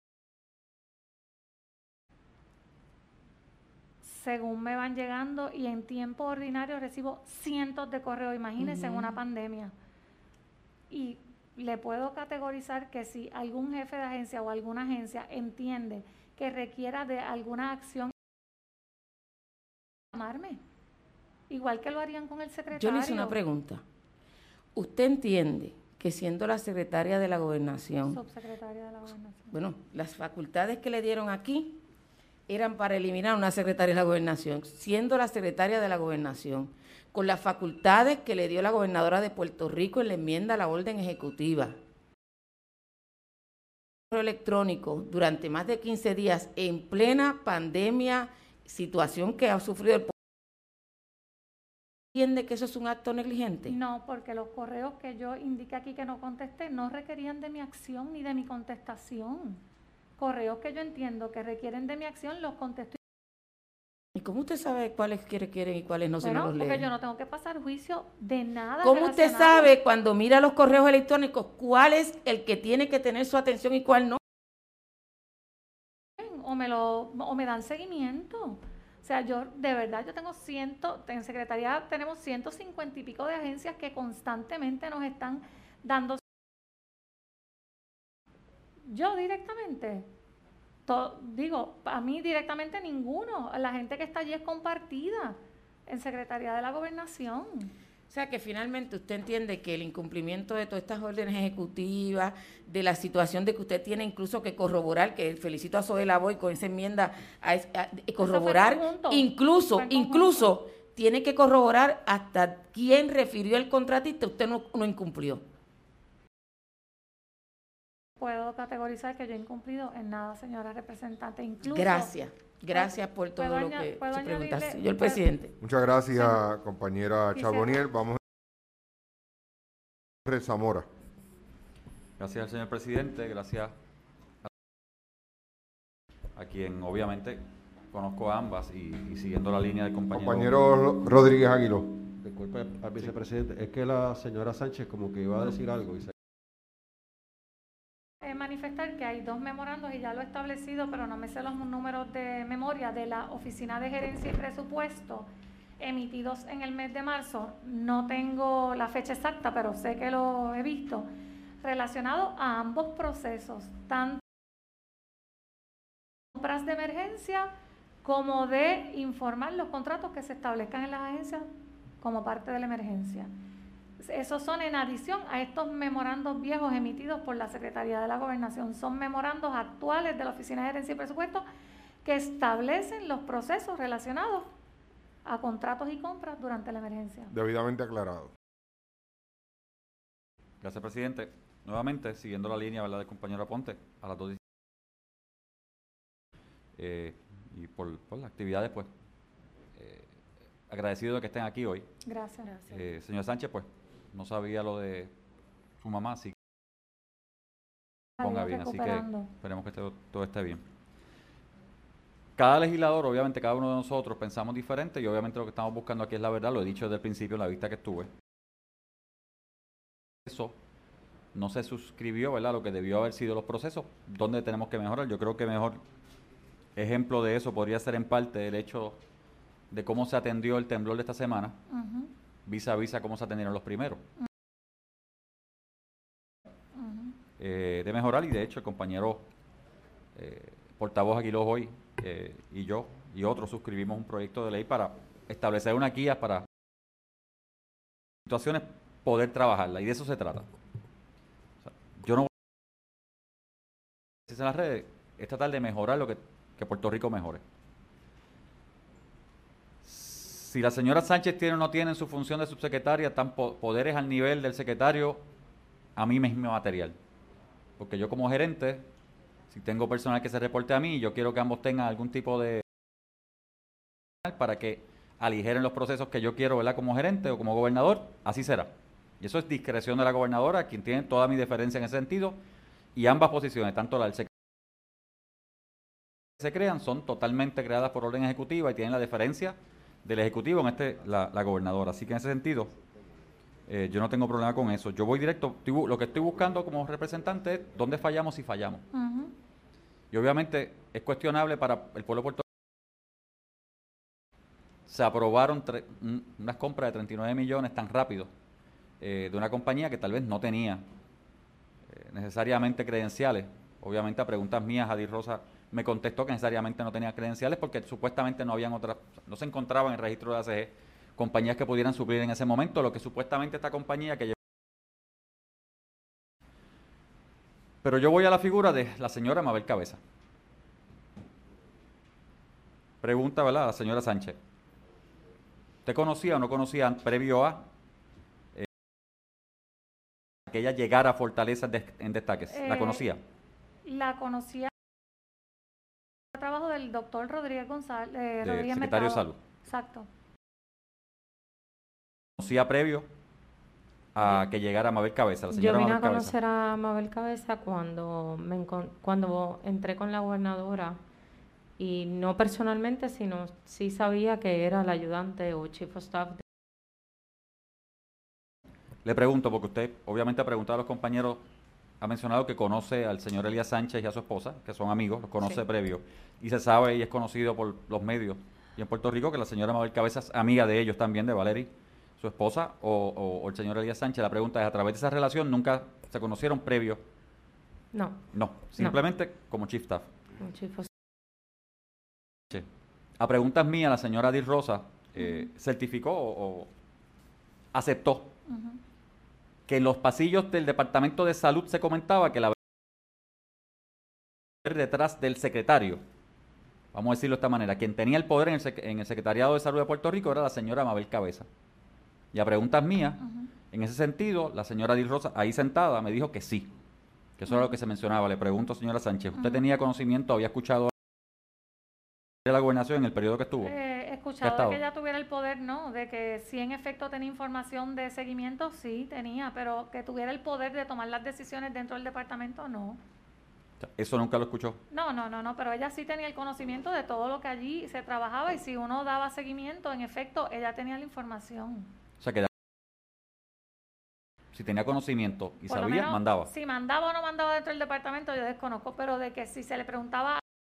Según me van llegando y en tiempo ordinario recibo cientos de correos, imagínense uh-huh. en una pandemia. Y le puedo categorizar que si algún jefe de agencia o alguna agencia entiende que requiera de alguna acción, llamarme, igual que lo harían con el secretario. Yo le hice una pregunta. ¿Usted entiende que siendo la secretaria de la Gobernación, subsecretaria de la Gobernación, bueno, las facultades que le dieron aquí eran para eliminar una secretaria de la Gobernación, siendo la secretaria de la Gobernación, con las facultades que le dio la gobernadora de Puerto Rico en la enmienda a la orden ejecutiva, electrónico durante más de quince días en plena pandemia, situación que ha sufrido el pueblo, ¿entiende que eso es un acto negligente? No, porque los correos que yo indiqué aquí que no contesté no requerían de mi acción ni de mi contestación. Correos que yo entiendo que requieren de mi acción los contesto. ¿Y cómo usted sabe cuáles quiere quieren y cuáles no Bueno, se nos los leen? porque yo no tengo que pasar juicio de nada. ¿Cómo usted sabe cuando mira los correos electrónicos cuál es el que tiene que tener su atención y cuál no? O me, lo, o me dan seguimiento. O sea, yo de verdad, yo tengo ciento, en Secretaría tenemos ciento cincuenta y pico de agencias que constantemente nos están dando. Yo directamente, to, digo, a mí directamente ninguno. La gente que está allí es compartida en Secretaría de la Gobernación. O sea que finalmente usted entiende que el incumplimiento de todas estas órdenes ejecutivas, de la situación de que usted tiene incluso que corroborar, que felicito a Zoe Lavoy con esa enmienda, a, a, a corroborar, incluso, incluso tiene que corroborar hasta quién refirió el contratista, usted no, no incumplió. Puedo categorizar que yo he incumplido en nada, señora representante. Incluso, gracias, gracias por todo lo que se pregunta. Señor presidente. Muchas gracias, sí, compañera Charbonnier. Vamos a Zamora. Gracias al señor presidente, gracias a quien obviamente conozco a ambas y, y siguiendo la línea del compañero. Compañero Rodríguez Aguiló. Disculpe al vicepresidente, sí. Es que la señora Sánchez como que iba a decir algo y se... manifestar que hay dos memorandos y ya lo he establecido, pero no me sé los números de memoria de la Oficina de Gerencia y Presupuesto emitidos en el mes de marzo. No tengo la fecha exacta, pero sé que lo he visto, relacionado a ambos procesos, tanto compras de emergencia como de informar los contratos que se establezcan en las agencias como parte de la emergencia. Esos son en adición a estos memorandos viejos emitidos por la Secretaría de la Gobernación. Son memorandos actuales de la Oficina de Gerencia y Presupuesto que establecen los procesos relacionados a contratos y compras durante la emergencia. Debidamente aclarado. Gracias, presidente. Nuevamente, siguiendo la línea, ¿verdad?, del compañero Aponte, a las dos eh, y por, por las actividades, pues, eh, agradecido de que estén aquí hoy. Gracias. Gracias. Eh, señor Sánchez, pues, no sabía lo de su mamá, así que ponga bien, así que esperemos que todo, todo esté bien. Cada legislador, obviamente cada uno de nosotros pensamos diferente y obviamente lo que estamos buscando aquí es la verdad, lo he dicho desde el principio en la vista que estuve. Eso no se suscribió, ¿verdad?, lo que debió haber sido los procesos, donde tenemos que mejorar. Yo creo que mejor ejemplo de eso podría ser en parte el hecho de cómo se atendió el temblor de esta semana. Uh-huh. Vis a vis a cómo se atendieron los primeros. Uh-huh. Eh, de mejorar, y de hecho el compañero eh, portavoz Aguiló hoy eh, y yo y otros suscribimos un proyecto de ley para establecer una guía para situaciones poder trabajarla, y de eso se trata. O sea, yo no voy a decir en las redes, es tratar de mejorar lo que, que Puerto Rico mejore. Si la señora Sánchez tiene o no tiene en su función de subsecretaria tan po poderes al nivel del secretario, a mí me es material. Porque yo como gerente, si tengo personal que se reporte a mí, yo quiero que ambos tengan algún tipo de... para que aligeren los procesos que yo quiero, ¿verdad?, como gerente o como gobernador, así será. Y eso es discreción de la gobernadora, quien tiene toda mi deferencia en ese sentido, y ambas posiciones, tanto la del secretario que se crean, son totalmente creadas por orden ejecutiva y tienen la deferencia del Ejecutivo, en este la, la gobernadora. Así que en ese sentido, eh, yo no tengo problema con eso. Yo voy directo, estoy, lo que estoy buscando como representante es dónde fallamos y fallamos. Uh-huh. Y obviamente es cuestionable para el pueblo de Puerto Rico. Se aprobaron unas compras de treinta y nueve millones tan rápido eh, de una compañía que tal vez no tenía eh, necesariamente credenciales. Obviamente a preguntas mías, Jadir Rosa me contestó que necesariamente no tenía credenciales porque supuestamente no habían otras, no se encontraban en el registro de A C G compañías que pudieran suplir en ese momento lo que supuestamente esta compañía que llevó. Pero yo voy a la figura de la señora Mabel Cabeza. Pregunta, ¿verdad?, a la señora Sánchez. ¿Usted conocía o no conocía previo a eh, que ella llegara a Fortaleza de, en destaques? ¿La conocía? Eh, La conocía el trabajo del doctor Rodríguez González, eh, de Rodríguez secretario de Mercado. Salud. Exacto. ¿Conocía previo a que llegara Mabel Cabeza, la Yo señora vine Mabel a Cabeza? conocer a Mabel Cabeza cuando, me encon- cuando entré con la gobernadora, y no personalmente, sino sí sabía que era la ayudante o chief of staff. de- Le pregunto, porque usted obviamente ha preguntado a los compañeros, ha mencionado que conoce al señor Elías Sánchez y a su esposa, que son amigos, los conoce Sí. previo, y se sabe y es conocido por los medios y en Puerto Rico que la señora Mabel Cabeza es amiga de ellos también, de Valerie, su esposa, o, o- o el señor Elías Sánchez. La pregunta es, ¿a través de esa relación nunca se conocieron previo? No, No, simplemente como chief staff. un chief of Sí. A preguntas mías, la señora Dir Rosa eh, certificó o, o aceptó Uh-huh. que en los pasillos del Departamento de Salud se comentaba que la detrás del secretario, vamos a decirlo de esta manera, quien tenía el poder en el, sec- en el Secretariado de Salud de Puerto Rico era la señora Mabel Cabeza. Y a preguntas mías, Uh-huh. en ese sentido, la señora Dir Rosa, ahí sentada, me dijo que sí, que eso era lo que se mencionaba. Le pregunto, señora Sánchez, ¿usted Ujú. tenía conocimiento, había escuchado de la gobernación en el periodo que estuvo? Eh, he ¿Qué ha escuchado de estado? que ella tuviera el poder, no, de que sí en efecto tenía información de seguimiento, sí tenía, pero que tuviera el poder de tomar las decisiones dentro del departamento, no. O sea, eso nunca lo escuchó. No, no, no, no, pero ella sí tenía el conocimiento de todo lo que allí se trabajaba y si uno daba seguimiento, en efecto, ella tenía la información. O sea, que si tenía conocimiento y Por lo sabía, menos, mandaba. si mandaba o no mandaba dentro del departamento, yo desconozco, pero de que si se le preguntaba,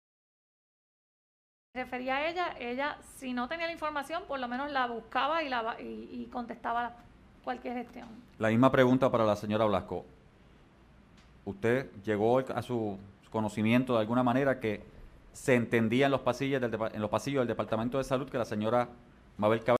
refería a ella, ella si no tenía la información, por lo menos la buscaba y, la, y, y contestaba cualquier gestión. La misma pregunta para la señora Blasco. ¿Usted llegó a su conocimiento de alguna manera que se entendía en los pasillos del, depa- en los pasillos del Departamento de Salud que la señora Mabel Cabeza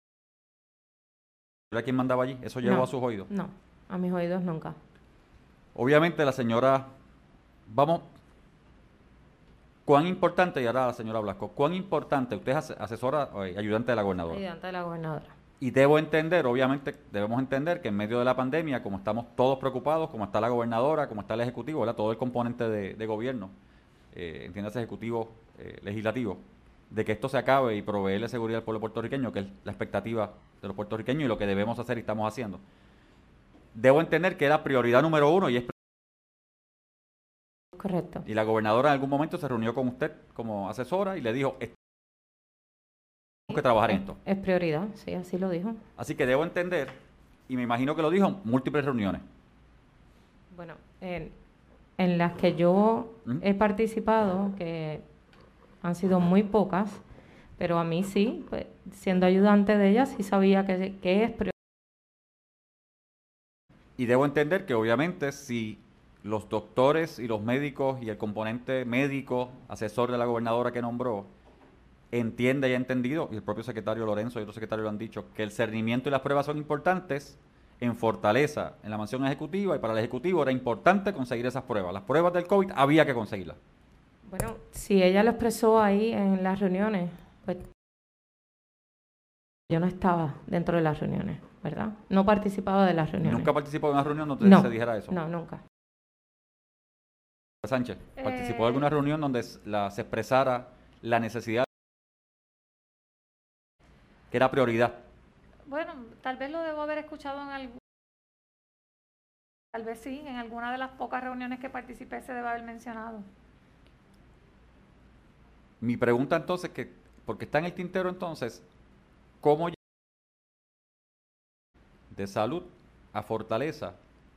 era quien mandaba allí? ¿Eso llegó No. a sus oídos? No, a mis oídos nunca. Obviamente la señora, vamos, ¿cuán importante, y ahora la señora Blasco, cuán importante, usted es ase- asesora, eh, ayudante de la gobernadora? Ayudante de la gobernadora. Y debo entender, obviamente, debemos entender que en medio de la pandemia, como estamos todos preocupados, como está la gobernadora, como está el ejecutivo, ¿verdad? Todo el componente de, de gobierno, eh, entiéndase ejecutivo, eh, legislativo, de que esto se acabe y proveerle seguridad al pueblo puertorriqueño, que es la expectativa de los puertorriqueños y lo que debemos hacer y estamos haciendo. Debo entender que era prioridad número uno y es Correcto. y la gobernadora en algún momento se reunió con usted como asesora y le dijo, "Es- tenemos que trabajar en Es, esto". es prioridad, sí, así lo dijo. Así que debo entender, y me imagino que lo dijo en múltiples reuniones. Bueno, en, en las que yo ¿Mm? he participado, que han sido muy pocas, pero a mí sí, pues, siendo ayudante de ella, sí sabía que, que es prioridad. Y debo entender que obviamente si los doctores y los médicos y el componente médico, asesor de la gobernadora que nombró, entiende y ha entendido, y el propio secretario Lorenzo y otros secretarios lo han dicho, que el cernimiento y las pruebas son importantes en Fortaleza, en la mansión ejecutiva, y para el ejecutivo era importante conseguir esas pruebas. Las pruebas del COVID había que conseguirlas. Bueno, si ella lo expresó ahí en las reuniones, pues yo no estaba dentro de las reuniones, ¿verdad? No participaba de las reuniones. ¿Nunca participó de una reunión donde No, se dijera eso? no, nunca. Sánchez, ¿participó de Eh, alguna reunión donde s- la- se expresara la necesidad que era prioridad? Bueno, tal vez lo debo haber escuchado en algún, tal vez sí, en alguna de las pocas reuniones que participé se debe haber mencionado. Mi pregunta entonces, que porque está en el tintero entonces, ¿cómo lle- de salud a Fortaleza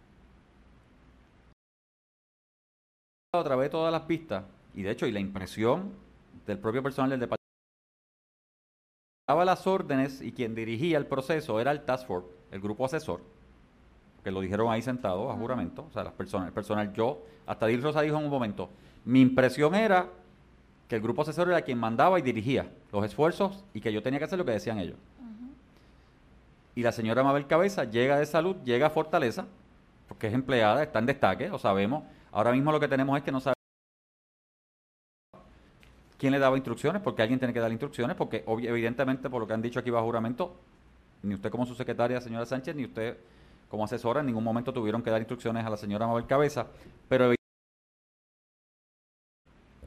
a través de todas las pistas? Y de hecho, y la impresión del propio personal del departamento, daba las órdenes y quien dirigía el proceso era el Task Force, el grupo asesor, que lo dijeron ahí sentados a Ujú. juramento, o sea, las personas, el personal, yo, hasta Dil Rosa dijo en un momento, mi impresión era que el grupo asesor era quien mandaba y dirigía los esfuerzos y que yo tenía que hacer lo que decían ellos. Ujú. Y la señora Mabel Cabeza llega de salud, llega a Fortaleza, porque es empleada, está en destaque, lo sabemos. Ahora mismo lo que tenemos es que no sabemos quién le daba instrucciones, porque alguien tiene que dar instrucciones, porque obvi- evidentemente, por lo que han dicho aquí bajo juramento, ni usted como su secretaria, señora Sánchez, ni usted como asesora, en ningún momento tuvieron que dar instrucciones a la señora Mabel Cabeza, pero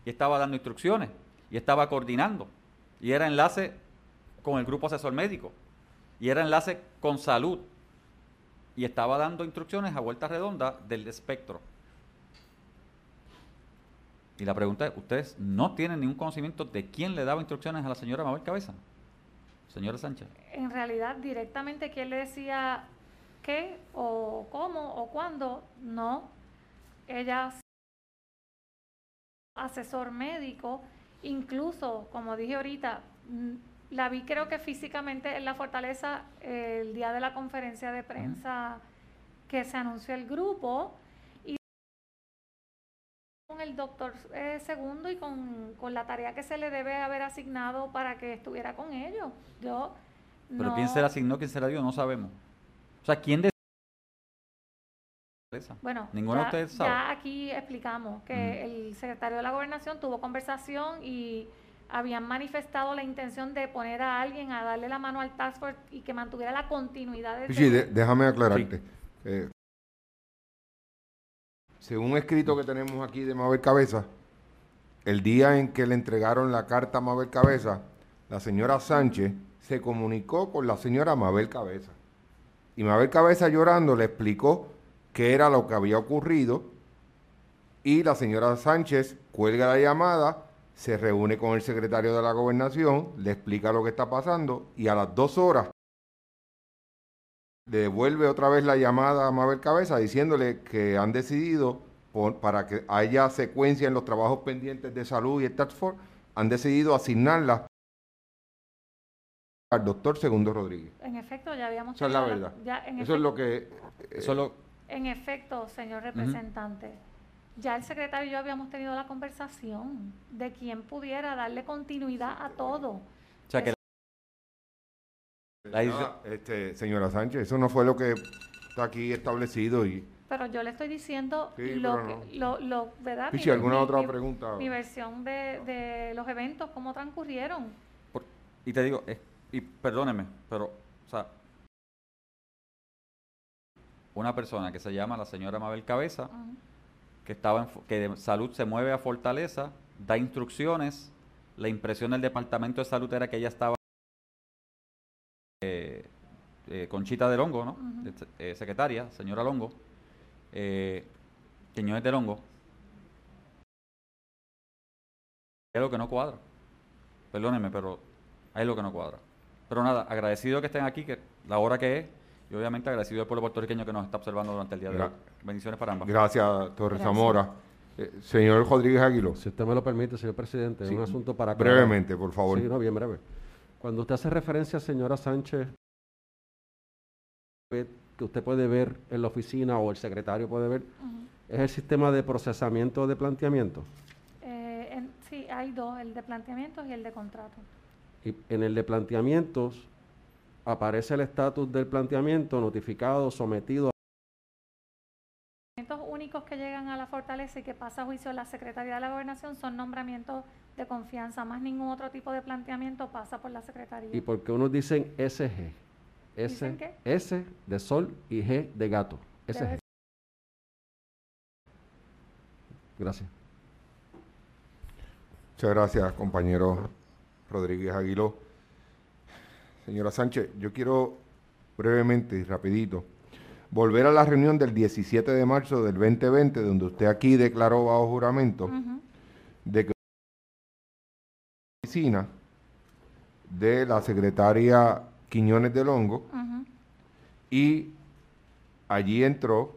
y estaba dando instrucciones y estaba coordinando y era enlace con el grupo asesor médico y era enlace con salud y estaba dando instrucciones a vuelta redonda del espectro. Y la pregunta es, ¿ustedes no tienen ningún conocimiento de quién le daba instrucciones a la señora Mabel Cabeza? Señora Sánchez. En realidad, directamente, ¿quién le decía qué o cómo o cuándo? No. Ella, asesor médico, incluso, como dije ahorita, la vi creo que físicamente en la Fortaleza eh, el día de la conferencia de prensa uh-huh. que se anunció el grupo, y con el doctor eh, Segundo y con, con la tarea que se le debe haber asignado para que estuviera con ellos. Yo Pero no, quién se le asignó, quién se le dio, no sabemos. O sea, ¿quién de Bueno, ninguno ya, de ustedes sabe. Ya aquí explicamos que uh-huh. el secretario de la Gobernación tuvo conversación y habían manifestado la intención de poner a alguien a darle la mano al task force y que mantuviera la continuidad de... Sí, de, déjame aclararte. Sí. Eh, según un escrito que tenemos aquí de Mabel Cabeza, el día en que le entregaron la carta a Mabel Cabeza, la señora Sánchez se comunicó con la señora Mabel Cabeza. Y Mabel Cabeza, llorando, le explicó qué era lo que había ocurrido y la señora Sánchez cuelga la llamada, se reúne con el secretario de la Gobernación, le explica lo que está pasando y a las dos horas le devuelve otra vez la llamada a Mabel Cabeza diciéndole que han decidido, por, para que haya secuencia en los trabajos pendientes de salud y el task force, han decidido asignarla al doctor Segundo Rodríguez. En efecto, ya habíamos... Esa es la verdad. Ya, en Eso efecto, es lo que... Eh, eso lo... En efecto, señor representante, uh-huh. ya el secretario y yo habíamos tenido la conversación de quién pudiera darle continuidad a todo. O sea que... La hizo... este, señora Sánchez, eso no fue lo que está aquí establecido y... Pero yo le estoy diciendo sí, lo, no. que, lo, lo, ¿verdad? Pichi, ¿alguna mi, otra mi, pregunta? Mi versión de, de los eventos, cómo transcurrieron. Por, y te digo, eh, y perdóneme, pero, o sea, una persona que se llama la señora Mabel Cabeza, uh-huh. que estaba en, que de salud se mueve a Fortaleza, da instrucciones, la impresión del departamento de salud era que ella estaba eh, eh, Conchita de Longo, ¿no? Uh-huh. eh, secretaria, señora Longo, eh, Quiñones de Longo. Es lo que no cuadra. Perdónenme, pero hay lo que no cuadra. Pero nada, agradecido que estén aquí, que la hora que es, y obviamente agradecido al pueblo puertorriqueño que nos está observando durante el día de Gra- hoy. Bendiciones para ambas. Gracias, Torres Zamora. Eh, señor Rodríguez Aguiló. Si usted me lo permite, señor presidente, sí, un asunto para... Brevemente, por favor. Sí, no, bien breve. Cuando usted hace referencia, señora Sánchez, que usted puede ver en la oficina o el secretario puede ver, uh-huh. ¿es el sistema de procesamiento de planteamiento? Eh, en, sí, hay dos, el de planteamientos y el de contrato. Y en el de planteamientos aparece el estatus del planteamiento notificado, sometido. Los nombramientos únicos que llegan a la Fortaleza y que pasa a juicio la Secretaría de la Gobernación son nombramientos de confianza, más ningún otro tipo de planteamiento pasa por la Secretaría. ¿Y por qué unos dicen S G? S, ¿Dicen qué? S de sol y G de gato. S G. Gracias. Muchas gracias, compañero Rodríguez Aguiló. Señora Sánchez, yo quiero brevemente y rapidito volver a la reunión del diecisiete de marzo del veinte veinte, donde usted aquí declaró bajo juramento uh-huh. de que la oficina de la secretaria Quiñones de Longo uh-huh. y allí entró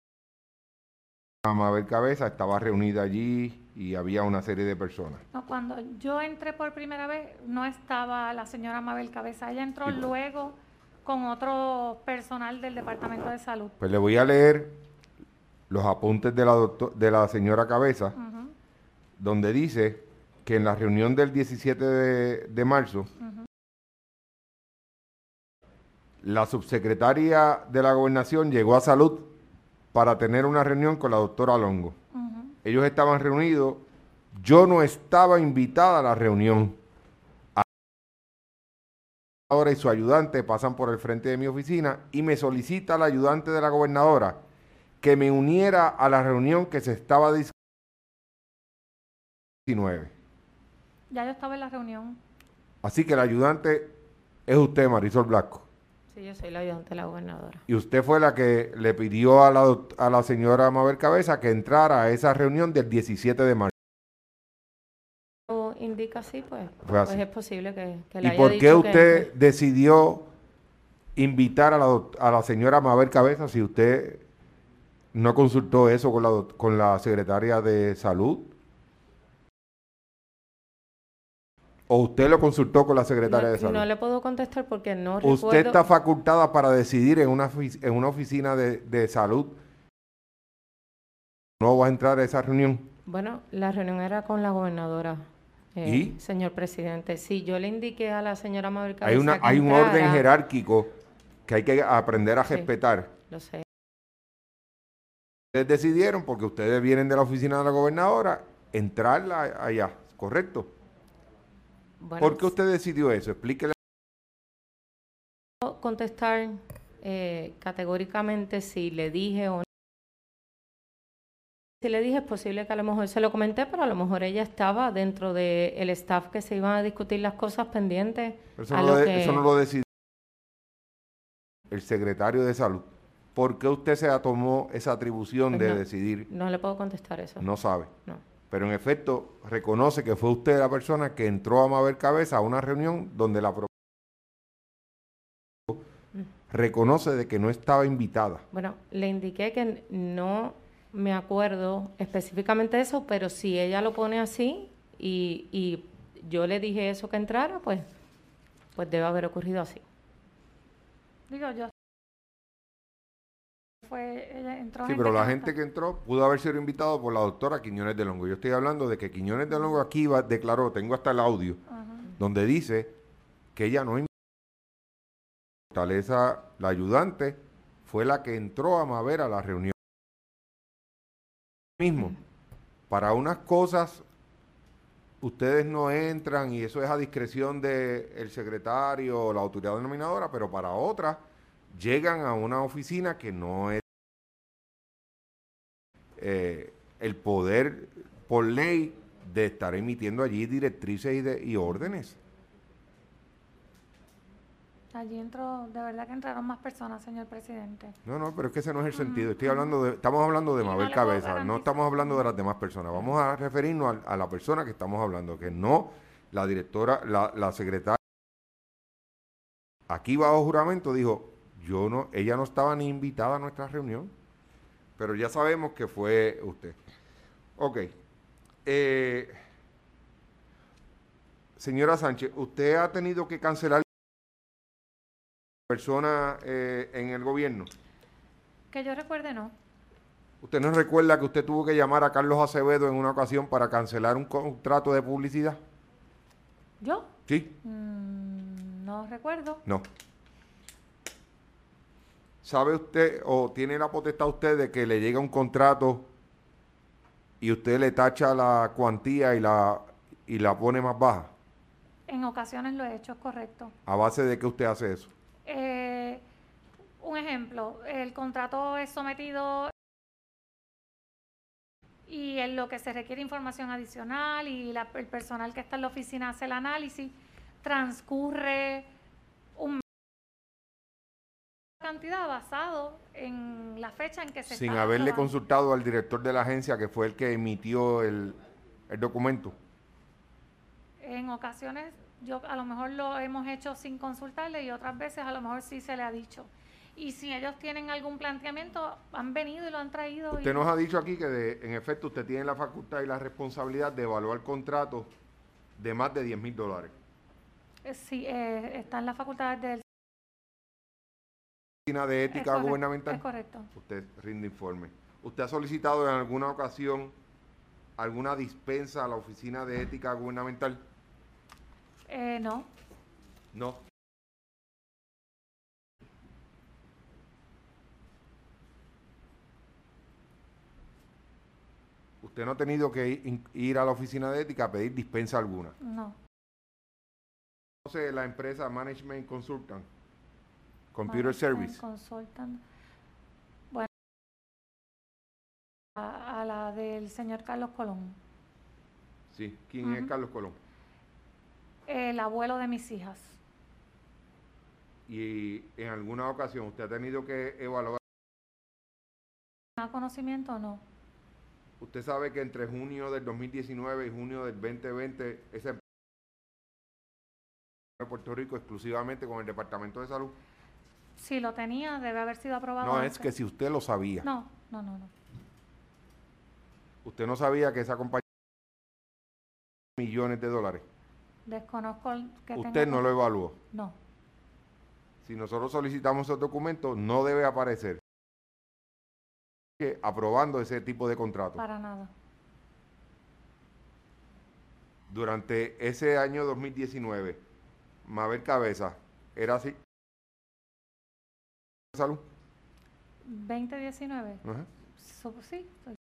a Mabel Cabeza, estaba reunida allí y había una serie de personas. No, cuando yo entré por primera vez no estaba la señora Mabel Cabeza, ella entró sí, pues. luego con otro personal del Departamento de Salud. Pues le voy a leer los apuntes de la, doctor, de la señora Cabeza, uh-huh. donde dice que en la reunión del diecisiete de, de marzo, uh-huh. la subsecretaria de la Gobernación llegó a Salud para tener una reunión con la doctora Longo. Uh-huh. Ellos estaban reunidos, yo no estaba invitada a la reunión. Ahora y su ayudante pasan por el frente de mi oficina y me solicita la ayudante de la gobernadora que me uniera a la reunión que se estaba diecinueve. Ya yo estaba en la reunión. Así que el ayudante es usted, Marisol Blasco. Sí, yo soy la ayudante de la gobernadora. Y usted fue la que le pidió a la, doct- a la señora Mabel Cabeza que entrara a esa reunión del diecisiete de marzo. Indica así, pues, Fue pues así. es posible que, que le ¿Y haya por qué dicho que usted entre. decidió invitar a la, doct- a la señora Mabel Cabeza si usted no consultó eso con la, doc- con la secretaria de Salud? ¿O usted lo consultó con la secretaria No, de Salud? no le puedo contestar porque no Usted recuerdo. está facultada para decidir en una, ofic- en una oficina de, de salud. ¿No va a entrar a esa reunión? Bueno, la reunión era con la gobernadora, eh, ¿Y? señor presidente. Sí, yo le indiqué a la señora Mabel Hay, Cabeza una, que hay un orden entrara. jerárquico que hay que aprender a Sí. respetar. Lo sé. Ustedes decidieron, porque ustedes vienen de la oficina de la gobernadora, entrarla allá, ¿correcto? Bueno, ¿Por qué usted decidió eso? Explíquele. puedo contestar eh, categóricamente si le dije o no. Si le dije, es posible que a lo mejor se lo comenté, pero a lo mejor ella estaba dentro del staff que se iban a discutir las cosas pendientes. Eso a no, lo lo de- que... eso no lo decidió el secretario de Salud. ¿Por qué usted se tomó esa atribución Pues de no, decidir? no le puedo contestar eso. No sabe. No. Pero en efecto, reconoce que fue usted la persona que entró a Mabel Cabeza a una reunión donde la pro- reconoce de que no estaba invitada. Bueno, le indiqué que no me acuerdo específicamente de eso, pero si ella lo pone así y, y yo le dije eso que entrara, pues, pues debe haber ocurrido así. Digo, yo. Fue, ella entró Sí, pero la no gente está. que entró pudo haber sido invitado por la doctora Quiñones de Longo. Yo estoy hablando de que Quiñones de Longo aquí va- declaró, tengo hasta el audio, Ajá. donde dice que ella no invitó. Fortaleza, la ayudante, fue la que entró a Mabel a la reunión. Mismo, para unas cosas ustedes no entran y eso es a discreción del secretario o la autoridad denominadora, pero para otras llegan a una oficina que no es eh, el poder por ley de estar emitiendo allí directrices y, de, y órdenes. Allí entró, de verdad que entraron más personas, señor presidente. No, no, pero es que ese no es el sentido. Estoy Ujú. hablando de, estamos hablando de Y no Mabel le puedo Cabeza, no garantizar. estamos hablando de las demás personas. Vamos a referirnos a, a la persona que estamos hablando, que no la directora, la, la secretaria. Aquí bajo juramento dijo, yo no, ella no estaba ni invitada a nuestra reunión, pero ya sabemos que fue usted. Ok. Eh, señora Sánchez, ¿usted ha tenido que cancelar persona eh, en el gobierno? Que yo recuerde, no. ¿Usted no recuerda que usted tuvo que llamar a Carlos Acevedo en una ocasión para cancelar un contrato de publicidad? ¿Yo? ¿Sí? Mm, no recuerdo. No. ¿Sabe usted o tiene la potestad usted de que le llega un contrato y usted le tacha la cuantía y la, y la pone más baja? En ocasiones lo he hecho, es correcto. ¿A base de qué usted hace eso? Eh, un ejemplo, el contrato es sometido y en lo que se requiere información adicional y la, el personal que está en la oficina hace el análisis, transcurre un mes de cantidad basado en la fecha en que se Sin está haberle aprobando. consultado al director de la agencia que fue el que emitió el, el documento. En ocasiones yo a lo mejor lo hemos hecho sin consultarle y otras veces a lo mejor sí se le ha dicho. Y si ellos tienen algún planteamiento, han venido y lo han traído. Usted y nos ha dicho aquí que de, en efecto usted tiene la facultad y la responsabilidad de evaluar contratos de más de diez mil dólares. eh, sí, eh, está en la facultad del... Oficina de Es Ética correcto, Gubernamental. es correcto. Usted rinde informe. ¿Usted ha solicitado en alguna ocasión alguna dispensa a la Oficina de Ética Gubernamental? Eh, no, No. Usted no ha tenido que ir, ir a la Oficina de Ética a pedir dispensa alguna. no. ¿Conoce la empresa Management Consultant? Computer Management Service. Consultant. Bueno, a, a la del señor Carlos Colón. Sí. ¿Quién Uh-huh. es Carlos Colón? El abuelo de mis hijas. Y en alguna ocasión usted ha tenido que evaluar. ¿Tiene conocimiento o no? Usted sabe que entre junio del dos mil diecinueve y junio del veinte veinte, esa empresa de Puerto Rico exclusivamente con el Departamento de Salud. Si lo tenía, debe haber sido aprobado. No, antes. es que si usted lo sabía. No, no, no, no. Usted no sabía que esa compañía millones de dólares. Desconozco el que Usted tenga... no lo evaluó. No. Si nosotros solicitamos esos documentos, no debe aparecer que aprobando ese tipo de contrato. Para nada. Durante ese año dos mil diecinueve, Mabel Cabeza, ¿era así? ¿Salud? ¿veinte diecinueve? Uh-huh. So, sí. Soy.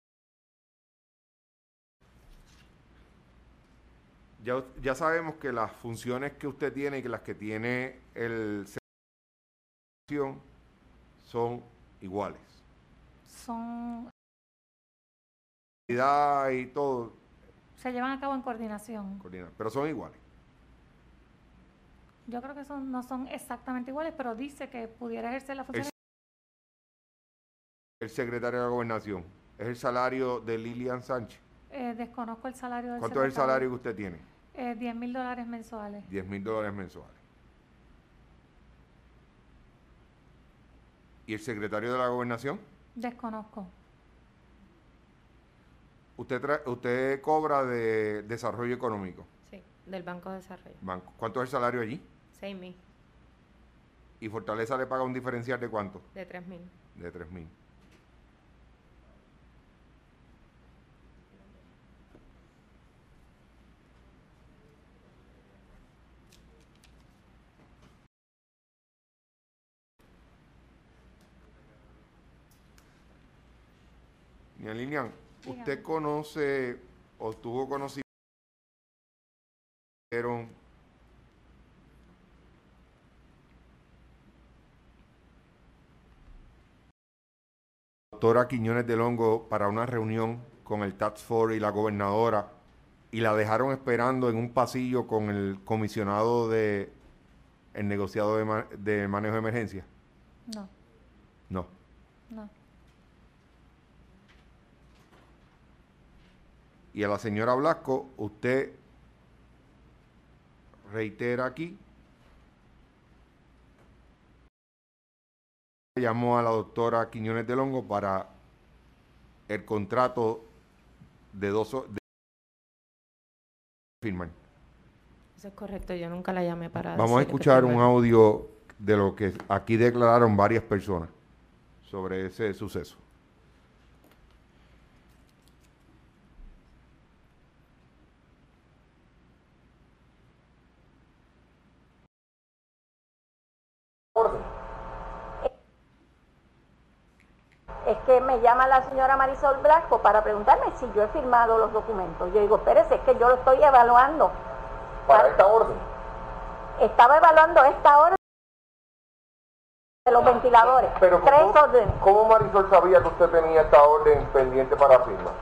Ya, ya sabemos que las funciones que usted tiene y que las que tiene el son iguales. Son... Y todo. Se llevan a cabo en coordinación. Coordina, pero son iguales. Yo creo que son, no son exactamente iguales, pero dice que pudiera ejercer la función. El, el secretario de la Gobernación, ¿es el salario de Lilian Sánchez? Eh, desconozco el salario del ¿Cuánto es el salario que usted tiene? Eh, diez mil dólares mensuales. diez mil dólares mensuales. ¿Y el secretario de la Gobernación? Desconozco. ¿Usted, tra usted cobra de desarrollo económico? Sí, del Banco de Desarrollo. Banco. ¿Cuánto es el salario allí? seis mil. ¿Y Fortaleza le paga un diferencial de cuánto? De tres mil. De tres mil. Doña Lilian, ¿usted conoce o tuvo conocimiento doctora Quiñones del Hongo para una reunión con el Task Force y la gobernadora y la dejaron esperando en un pasillo con el comisionado de el negociado de, ma de manejo de emergencia? No. No. No. Y a la señora Blasco, usted reitera aquí, llamó a la doctora Quiñones del Hongo para el contrato de dos de firman. Eso es correcto, yo nunca la llamé para... Vamos a escuchar un audio de lo que aquí declararon varias personas sobre ese suceso. Es que me llama la señora Marisol Blasco para preguntarme si yo he firmado los documentos. Yo digo, espérese, es que yo lo estoy evaluando. ¿Para esta orden? Estaba evaluando esta orden de los ventiladores. Pero Tres ¿cómo, órdenes. ¿cómo Marisol sabía que usted tenía esta orden pendiente para firma?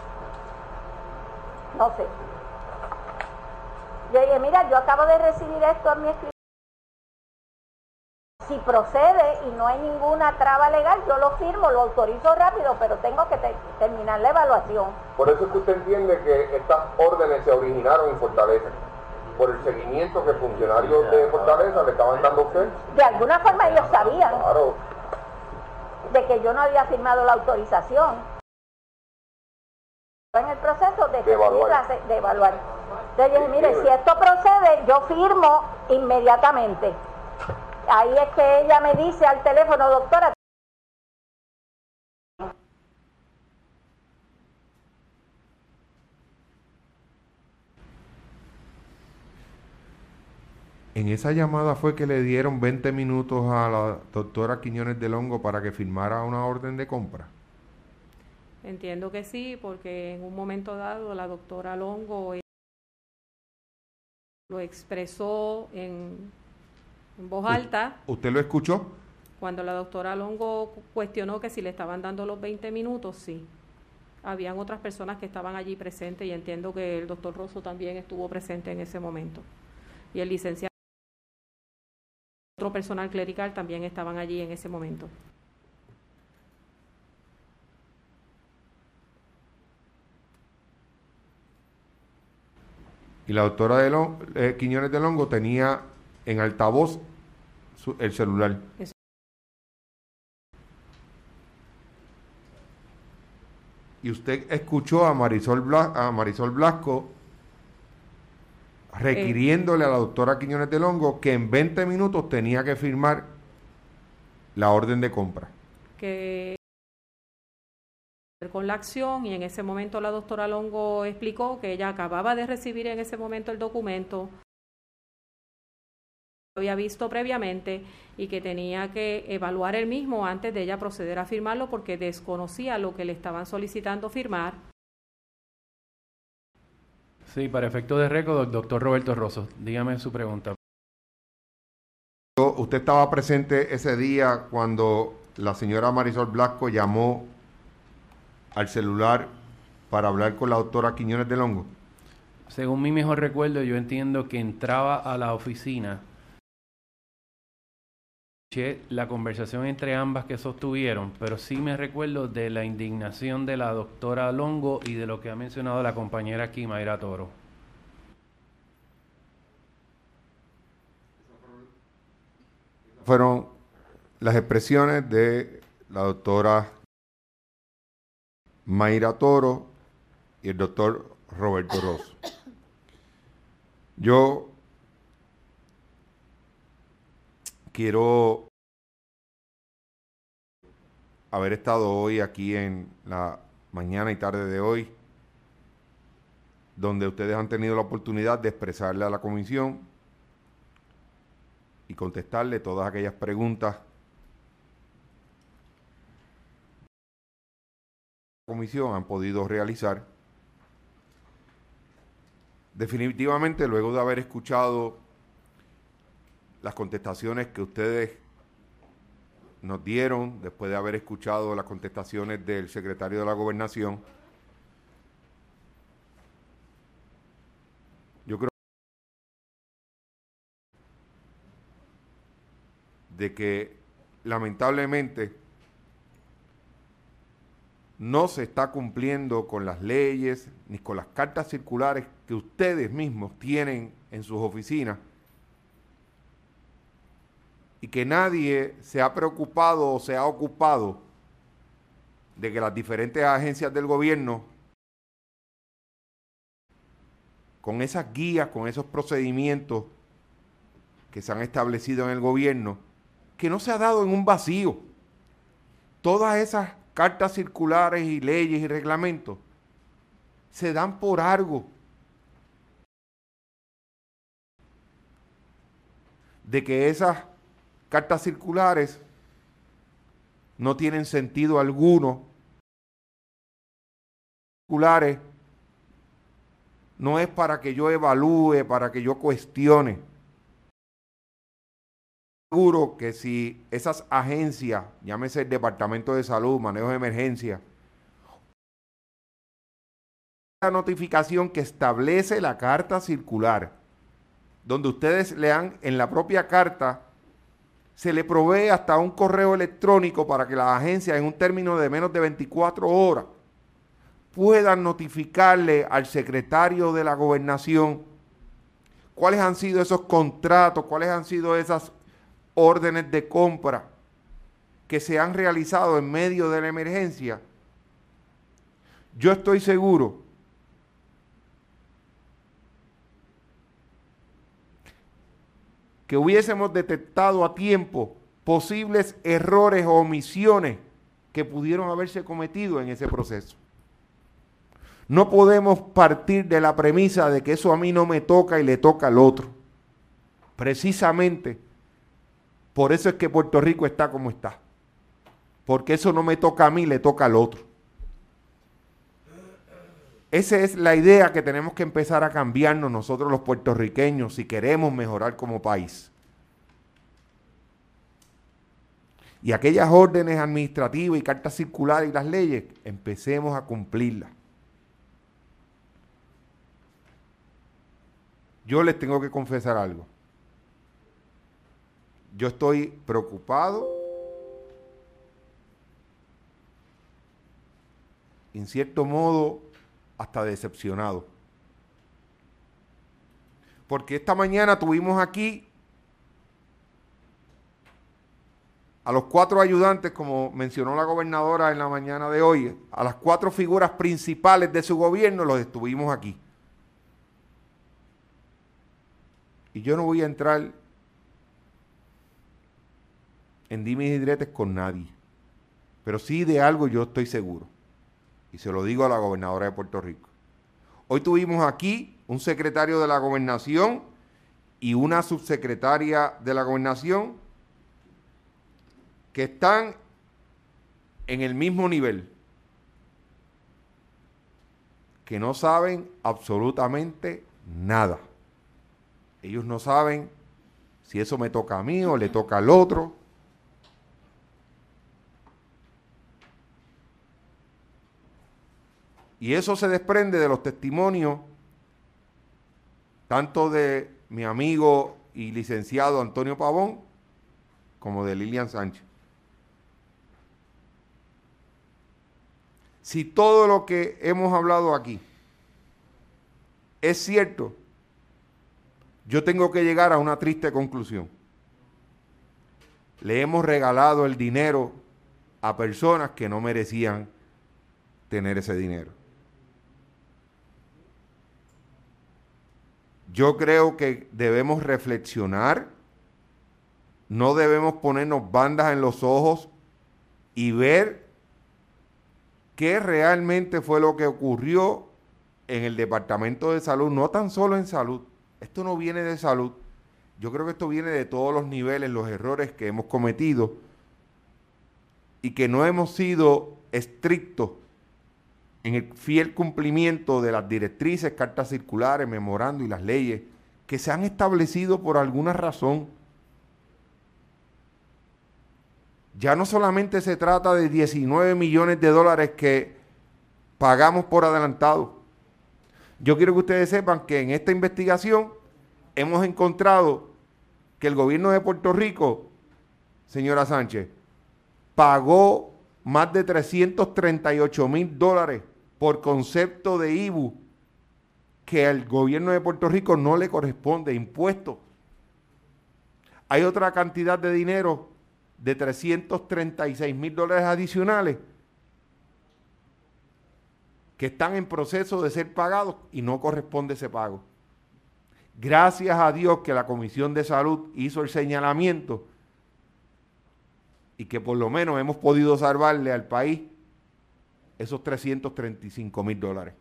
No sé. Yo dije, mira, yo acabo de recibir esto a mi escritorio. Si procede y no hay ninguna traba legal, yo lo firmo, lo autorizo rápido, pero tengo que te terminar la evaluación. Por eso es que usted entiende que estas órdenes se originaron en Fortaleza, por el seguimiento que funcionarios de Fortaleza le estaban dando a usted. De alguna forma ellos sabían Claro. de que yo no había firmado la autorización. En el proceso de, de evaluar. La, de evaluar. Entonces yo dije, mire, si esto procede, yo firmo inmediatamente. Ahí es que ella me dice al teléfono, doctora. En esa llamada fue que le dieron veinte minutos a la doctora Quiñones del Hongo para que firmara una orden de compra. Entiendo que sí, porque en un momento dado la doctora Longo lo expresó en, en voz alta. ¿Usted lo escuchó? Cuando la doctora Longo cuestionó que si le estaban dando los veinte minutos, sí. habían otras personas que estaban allí presentes y entiendo que el doctor Rosso también estuvo presente en ese momento. Y el licenciado, otro personal clerical también estaban allí en ese momento. Y la doctora de Long, eh, Quiñones de Longo tenía en altavoz su, el celular. Eso. Y usted escuchó a Marisol, Blas, a Marisol Blasco requiriéndole eh, a la doctora Quiñones de Longo que en veinte minutos tenía que firmar la orden de compra. Que con la acción, y en ese momento la doctora Longo explicó que ella acababa de recibir en ese momento el documento, lo había visto previamente y que tenía que evaluar el mismo antes de ella proceder a firmarlo porque desconocía lo que le estaban solicitando firmar. Sí, para efecto de récord, doctor Roberto Rosso, dígame su pregunta. ¿Usted estaba presente ese día cuando la señora Marisol Blasco llamó al celular para hablar con la doctora Quiñones de Longo? Según mi mejor recuerdo, yo entiendo que entraba a la oficina, escuché la conversación entre ambas que sostuvieron, pero sí me recuerdo de la indignación de la doctora Longo y de lo que ha mencionado la compañera aquí, Mayra Toro. Fueron las expresiones de la doctora Mayra Toro y el doctor Roberto Rosso. Yo quiero haber estado hoy aquí en la mañana y tarde de hoy, donde ustedes han tenido la oportunidad de expresarle a la comisión y contestarle todas aquellas preguntas que la comisión han podido realizar. Definitivamente, luego de haber escuchado las contestaciones que ustedes nos dieron, después de haber escuchado las contestaciones del secretario de la Gobernación, yo creo de que lamentablemente no se está cumpliendo con las leyes ni con las cartas circulares que ustedes mismos tienen en sus oficinas y que nadie se ha preocupado o se ha ocupado de que las diferentes agencias del gobierno, con esas guías, con esos procedimientos que se han establecido en el gobierno, que no se ha dado en un vacío. Todas esas cartas circulares y leyes y reglamentos se dan por algo. De que esas cartas circulares no tienen sentido alguno. Circulares no es para que yo evalúe, para que yo cuestione. Seguro que si esas agencias, llámese el Departamento de Salud, Manejo de Emergencia, la notificación que establece la carta circular, donde ustedes lean en la propia carta, se le provee hasta un correo electrónico para que las agencias en un término de menos de veinticuatro horas puedan notificarle al secretario de la Gobernación cuáles han sido esos contratos, cuáles han sido esas órdenes de compra que se han realizado en medio de la emergencia. Yo estoy seguro que hubiésemos detectado a tiempo posibles errores o omisiones que pudieron haberse cometido en ese proceso. No podemos partir de la premisa de que eso a mí no me toca y le toca al otro. Precisamente por eso es que Puerto Rico está como está. Porque eso no me toca a mí, le toca al otro. Esa es la idea que tenemos que empezar a cambiarnos nosotros los puertorriqueños si queremos mejorar como país. Y aquellas órdenes administrativas y cartas circulares y las leyes, empecemos a cumplirlas. Yo les tengo que confesar algo. Yo estoy preocupado, en cierto modo, hasta decepcionado. Porque esta mañana tuvimos aquí a los cuatro ayudantes, como mencionó la gobernadora en la mañana de hoy, a las cuatro figuras principales de su gobierno, los estuvimos aquí. Y yo no voy a entrar en dimes y diretes con nadie, pero sí de algo yo estoy seguro, y se lo digo a la gobernadora de Puerto Rico. Hoy tuvimos aquí un secretario de la gobernación y una subsecretaria de la gobernación que están en el mismo nivel, que no saben absolutamente nada. Ellos no saben si eso me toca a mí o le toca al otro. Y eso se desprende de los testimonios tanto de mi amigo y licenciado Antonio Pavón como de Lilian Sánchez. Si todo lo que hemos hablado aquí es cierto, yo tengo que llegar a una triste conclusión. Le hemos regalado el dinero a personas que no merecían tener ese dinero. Yo creo que debemos reflexionar, no debemos ponernos bandas en los ojos y ver qué realmente fue lo que ocurrió en el Departamento de Salud, no tan solo en salud. Esto no viene de salud. Yo creo que esto viene de todos los niveles, los errores que hemos cometido y que no hemos sido estrictos en el fiel cumplimiento de las directrices, cartas circulares, memorandos y las leyes que se han establecido por alguna razón. Ya no solamente se trata de diecinueve millones de dólares que pagamos por adelantado. Yo quiero que ustedes sepan que en esta investigación hemos encontrado que el gobierno de Puerto Rico, señora Sánchez, pagó más de trescientos treinta y ocho mil dólares por concepto de I B U que al gobierno de Puerto Rico no le corresponde, impuestos. Hay otra cantidad de dinero de trescientos treinta y seis mil dólares adicionales que están en proceso de ser pagados y no corresponde ese pago. Gracias a Dios que la Comisión de Salud hizo el señalamiento y que por lo menos hemos podido salvarle al país esos trescientos treinta y cinco mil dólares.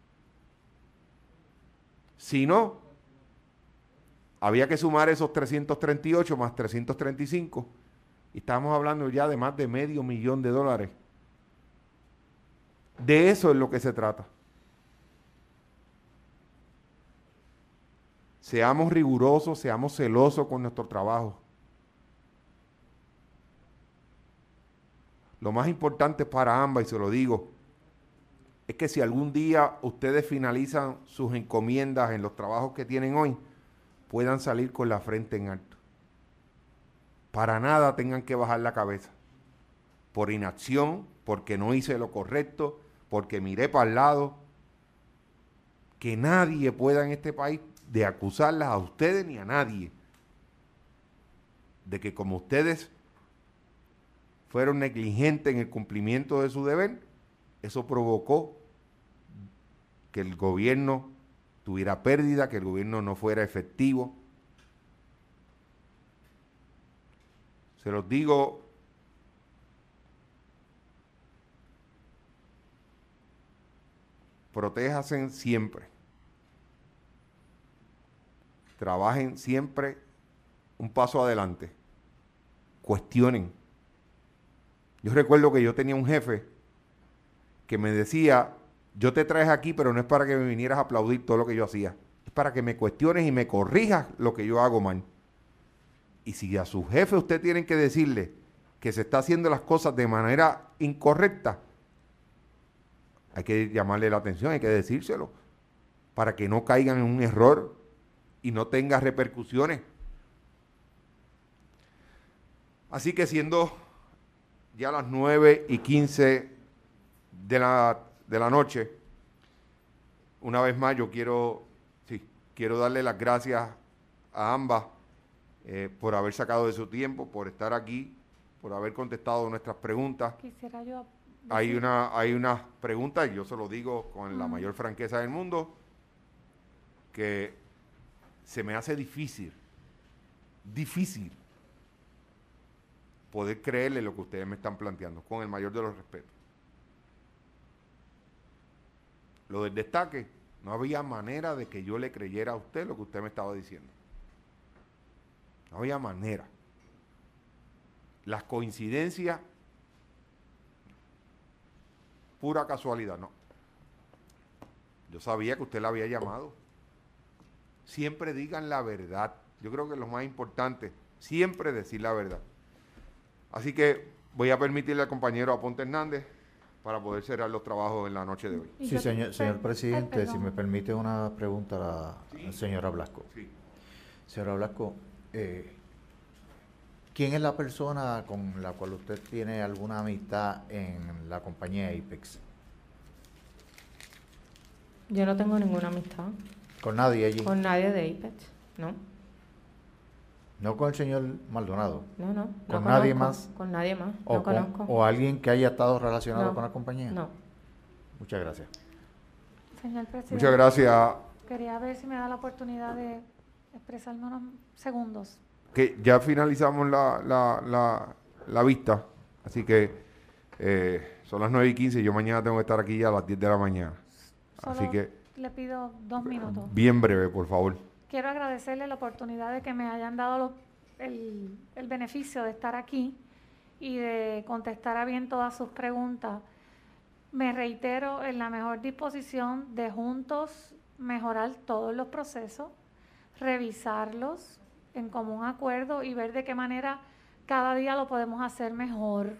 Si no, había que sumar esos trescientos treinta y ocho más trescientos treinta y cinco y estamos hablando ya de más de medio millón de dólares. De eso es lo que se trata. Seamos rigurosos, seamos celosos con nuestro trabajo. Lo más importante para ambas, y se lo digo, es que si algún día ustedes finalizan sus encomiendas en los trabajos que tienen hoy, puedan salir con la frente en alto. Para nada tengan que bajar la cabeza. Por inacción, porque no hice lo correcto, porque miré para el lado. Que nadie pueda en este país de acusarlas a ustedes ni a nadie de que como ustedes fueron negligentes en el cumplimiento de su deber, eso provocó que el gobierno tuviera pérdida, que el gobierno no fuera efectivo. Se los digo protéjanse siempre. Trabajen siempre un paso adelante. Cuestionen. Yo recuerdo que yo tenía un jefe que me decía, yo te traes aquí, pero no es para que me vinieras a aplaudir todo lo que yo hacía. Es para que me cuestiones y me corrijas lo que yo hago mal. Y si a su jefe usted tiene que decirle que se está haciendo las cosas de manera incorrecta, hay que llamarle la atención, hay que decírselo, para que no caigan en un error y no tenga repercusiones. Así que siendo ya las nueve y quince de la, de la noche, una vez más yo quiero, sí, quiero darle las gracias a ambas eh, por haber sacado de su tiempo, por estar aquí, por haber contestado nuestras preguntas. Quisiera yo decir. Hay una, hay unas preguntas, y yo se lo digo con la mayor franqueza del mundo, que se me hace difícil, difícil, poder creerle lo que ustedes me están planteando, con el mayor de los respetos. Lo del destaque, no había manera de que yo le creyera a usted lo que usted me estaba diciendo. No había manera. Las coincidencias, pura casualidad, no. Yo sabía que usted la había llamado. Siempre digan la verdad. Yo creo que lo más importante, siempre decir la verdad. Así que voy a permitirle al compañero Aponte Hernández para poder cerrar los trabajos en la noche de hoy. Sí, señor, señor presidente, si me permite una pregunta a la Sí. señora Blasco. Sí. Señora Blasco, eh, ¿quién es la persona con la cual usted tiene alguna amistad en la compañía Apex? Yo no tengo ninguna amistad ¿Con nadie allí? con nadie de Apex, ¿no? ¿No con el señor Maldonado? No, no. ¿Con no nadie conozco, más? Con nadie más, ¿O, no con- conozco. o alguien que haya estado relacionado No, con la compañía? No. Muchas gracias. Señor presidente. Muchas gracias. Quería ver si me da la oportunidad de expresarme unos segundos. Que ya finalizamos la, la, la, la vista, así que eh, son las nueve y quince y yo mañana tengo que estar aquí ya a las diez de la mañana. Solo Así que le pido dos minutos. bien breve, por favor. Quiero agradecerle la oportunidad de que me hayan dado lo- el, el beneficio de estar aquí y de contestar a bien todas sus preguntas. Me reitero en la mejor disposición de juntos mejorar todos los procesos, revisarlos en común acuerdo y ver de qué manera cada día lo podemos hacer mejor.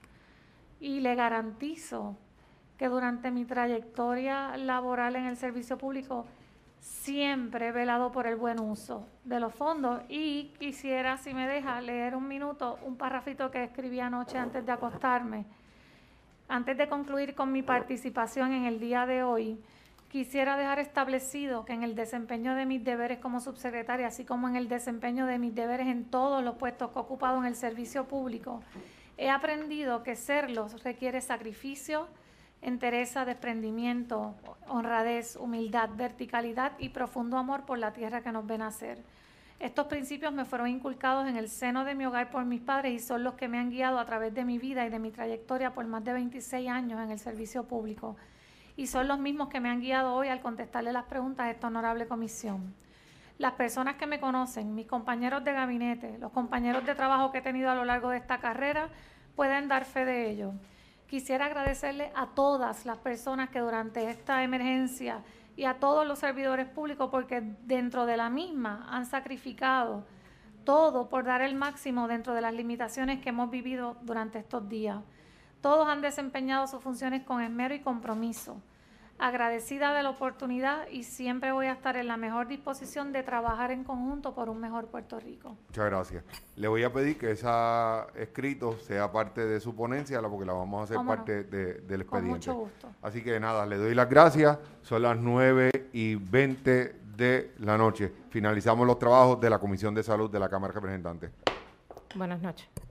Y le garantizo que durante mi trayectoria laboral en el servicio público siempre he velado por el buen uso de los fondos y quisiera, si me deja, leer un minuto, un parrafito que escribí anoche antes de acostarme. Antes de concluir con mi participación en el día de hoy, quisiera dejar establecido que en el desempeño de mis deberes como subsecretaria, así como en el desempeño de mis deberes en todos los puestos que he ocupado en el servicio público, he aprendido que serlos requiere sacrificio, entereza, desprendimiento, honradez, humildad, verticalidad y profundo amor por la tierra que nos ven nacer. Estos principios me fueron inculcados en el seno de mi hogar por mis padres y son los que me han guiado a través de mi vida y de mi trayectoria por más de veintiséis años en el servicio público. Y son los mismos que me han guiado hoy al contestarle las preguntas de esta honorable comisión. Las personas que me conocen, mis compañeros de gabinete, los compañeros de trabajo que he tenido a lo largo de esta carrera, pueden dar fe de ello. Quisiera agradecerle a todas las personas que durante esta emergencia y a todos los servidores públicos porque dentro de la misma han sacrificado todo por dar el máximo dentro de las limitaciones que hemos vivido durante estos días. Todos han desempeñado sus funciones con esmero y compromiso. Agradecida de la oportunidad y siempre voy a estar en la mejor disposición de trabajar en conjunto por un mejor Puerto Rico. Muchas gracias. Le voy a pedir que ese escrito sea parte de su ponencia, porque la vamos a hacer ¿Cómo parte no? de, del Con expediente. mucho gusto. Así que nada, le doy las gracias. Son las nueve y veinte de la noche. Finalizamos los trabajos de la Comisión de Salud de la Cámara de Representantes. Buenas noches.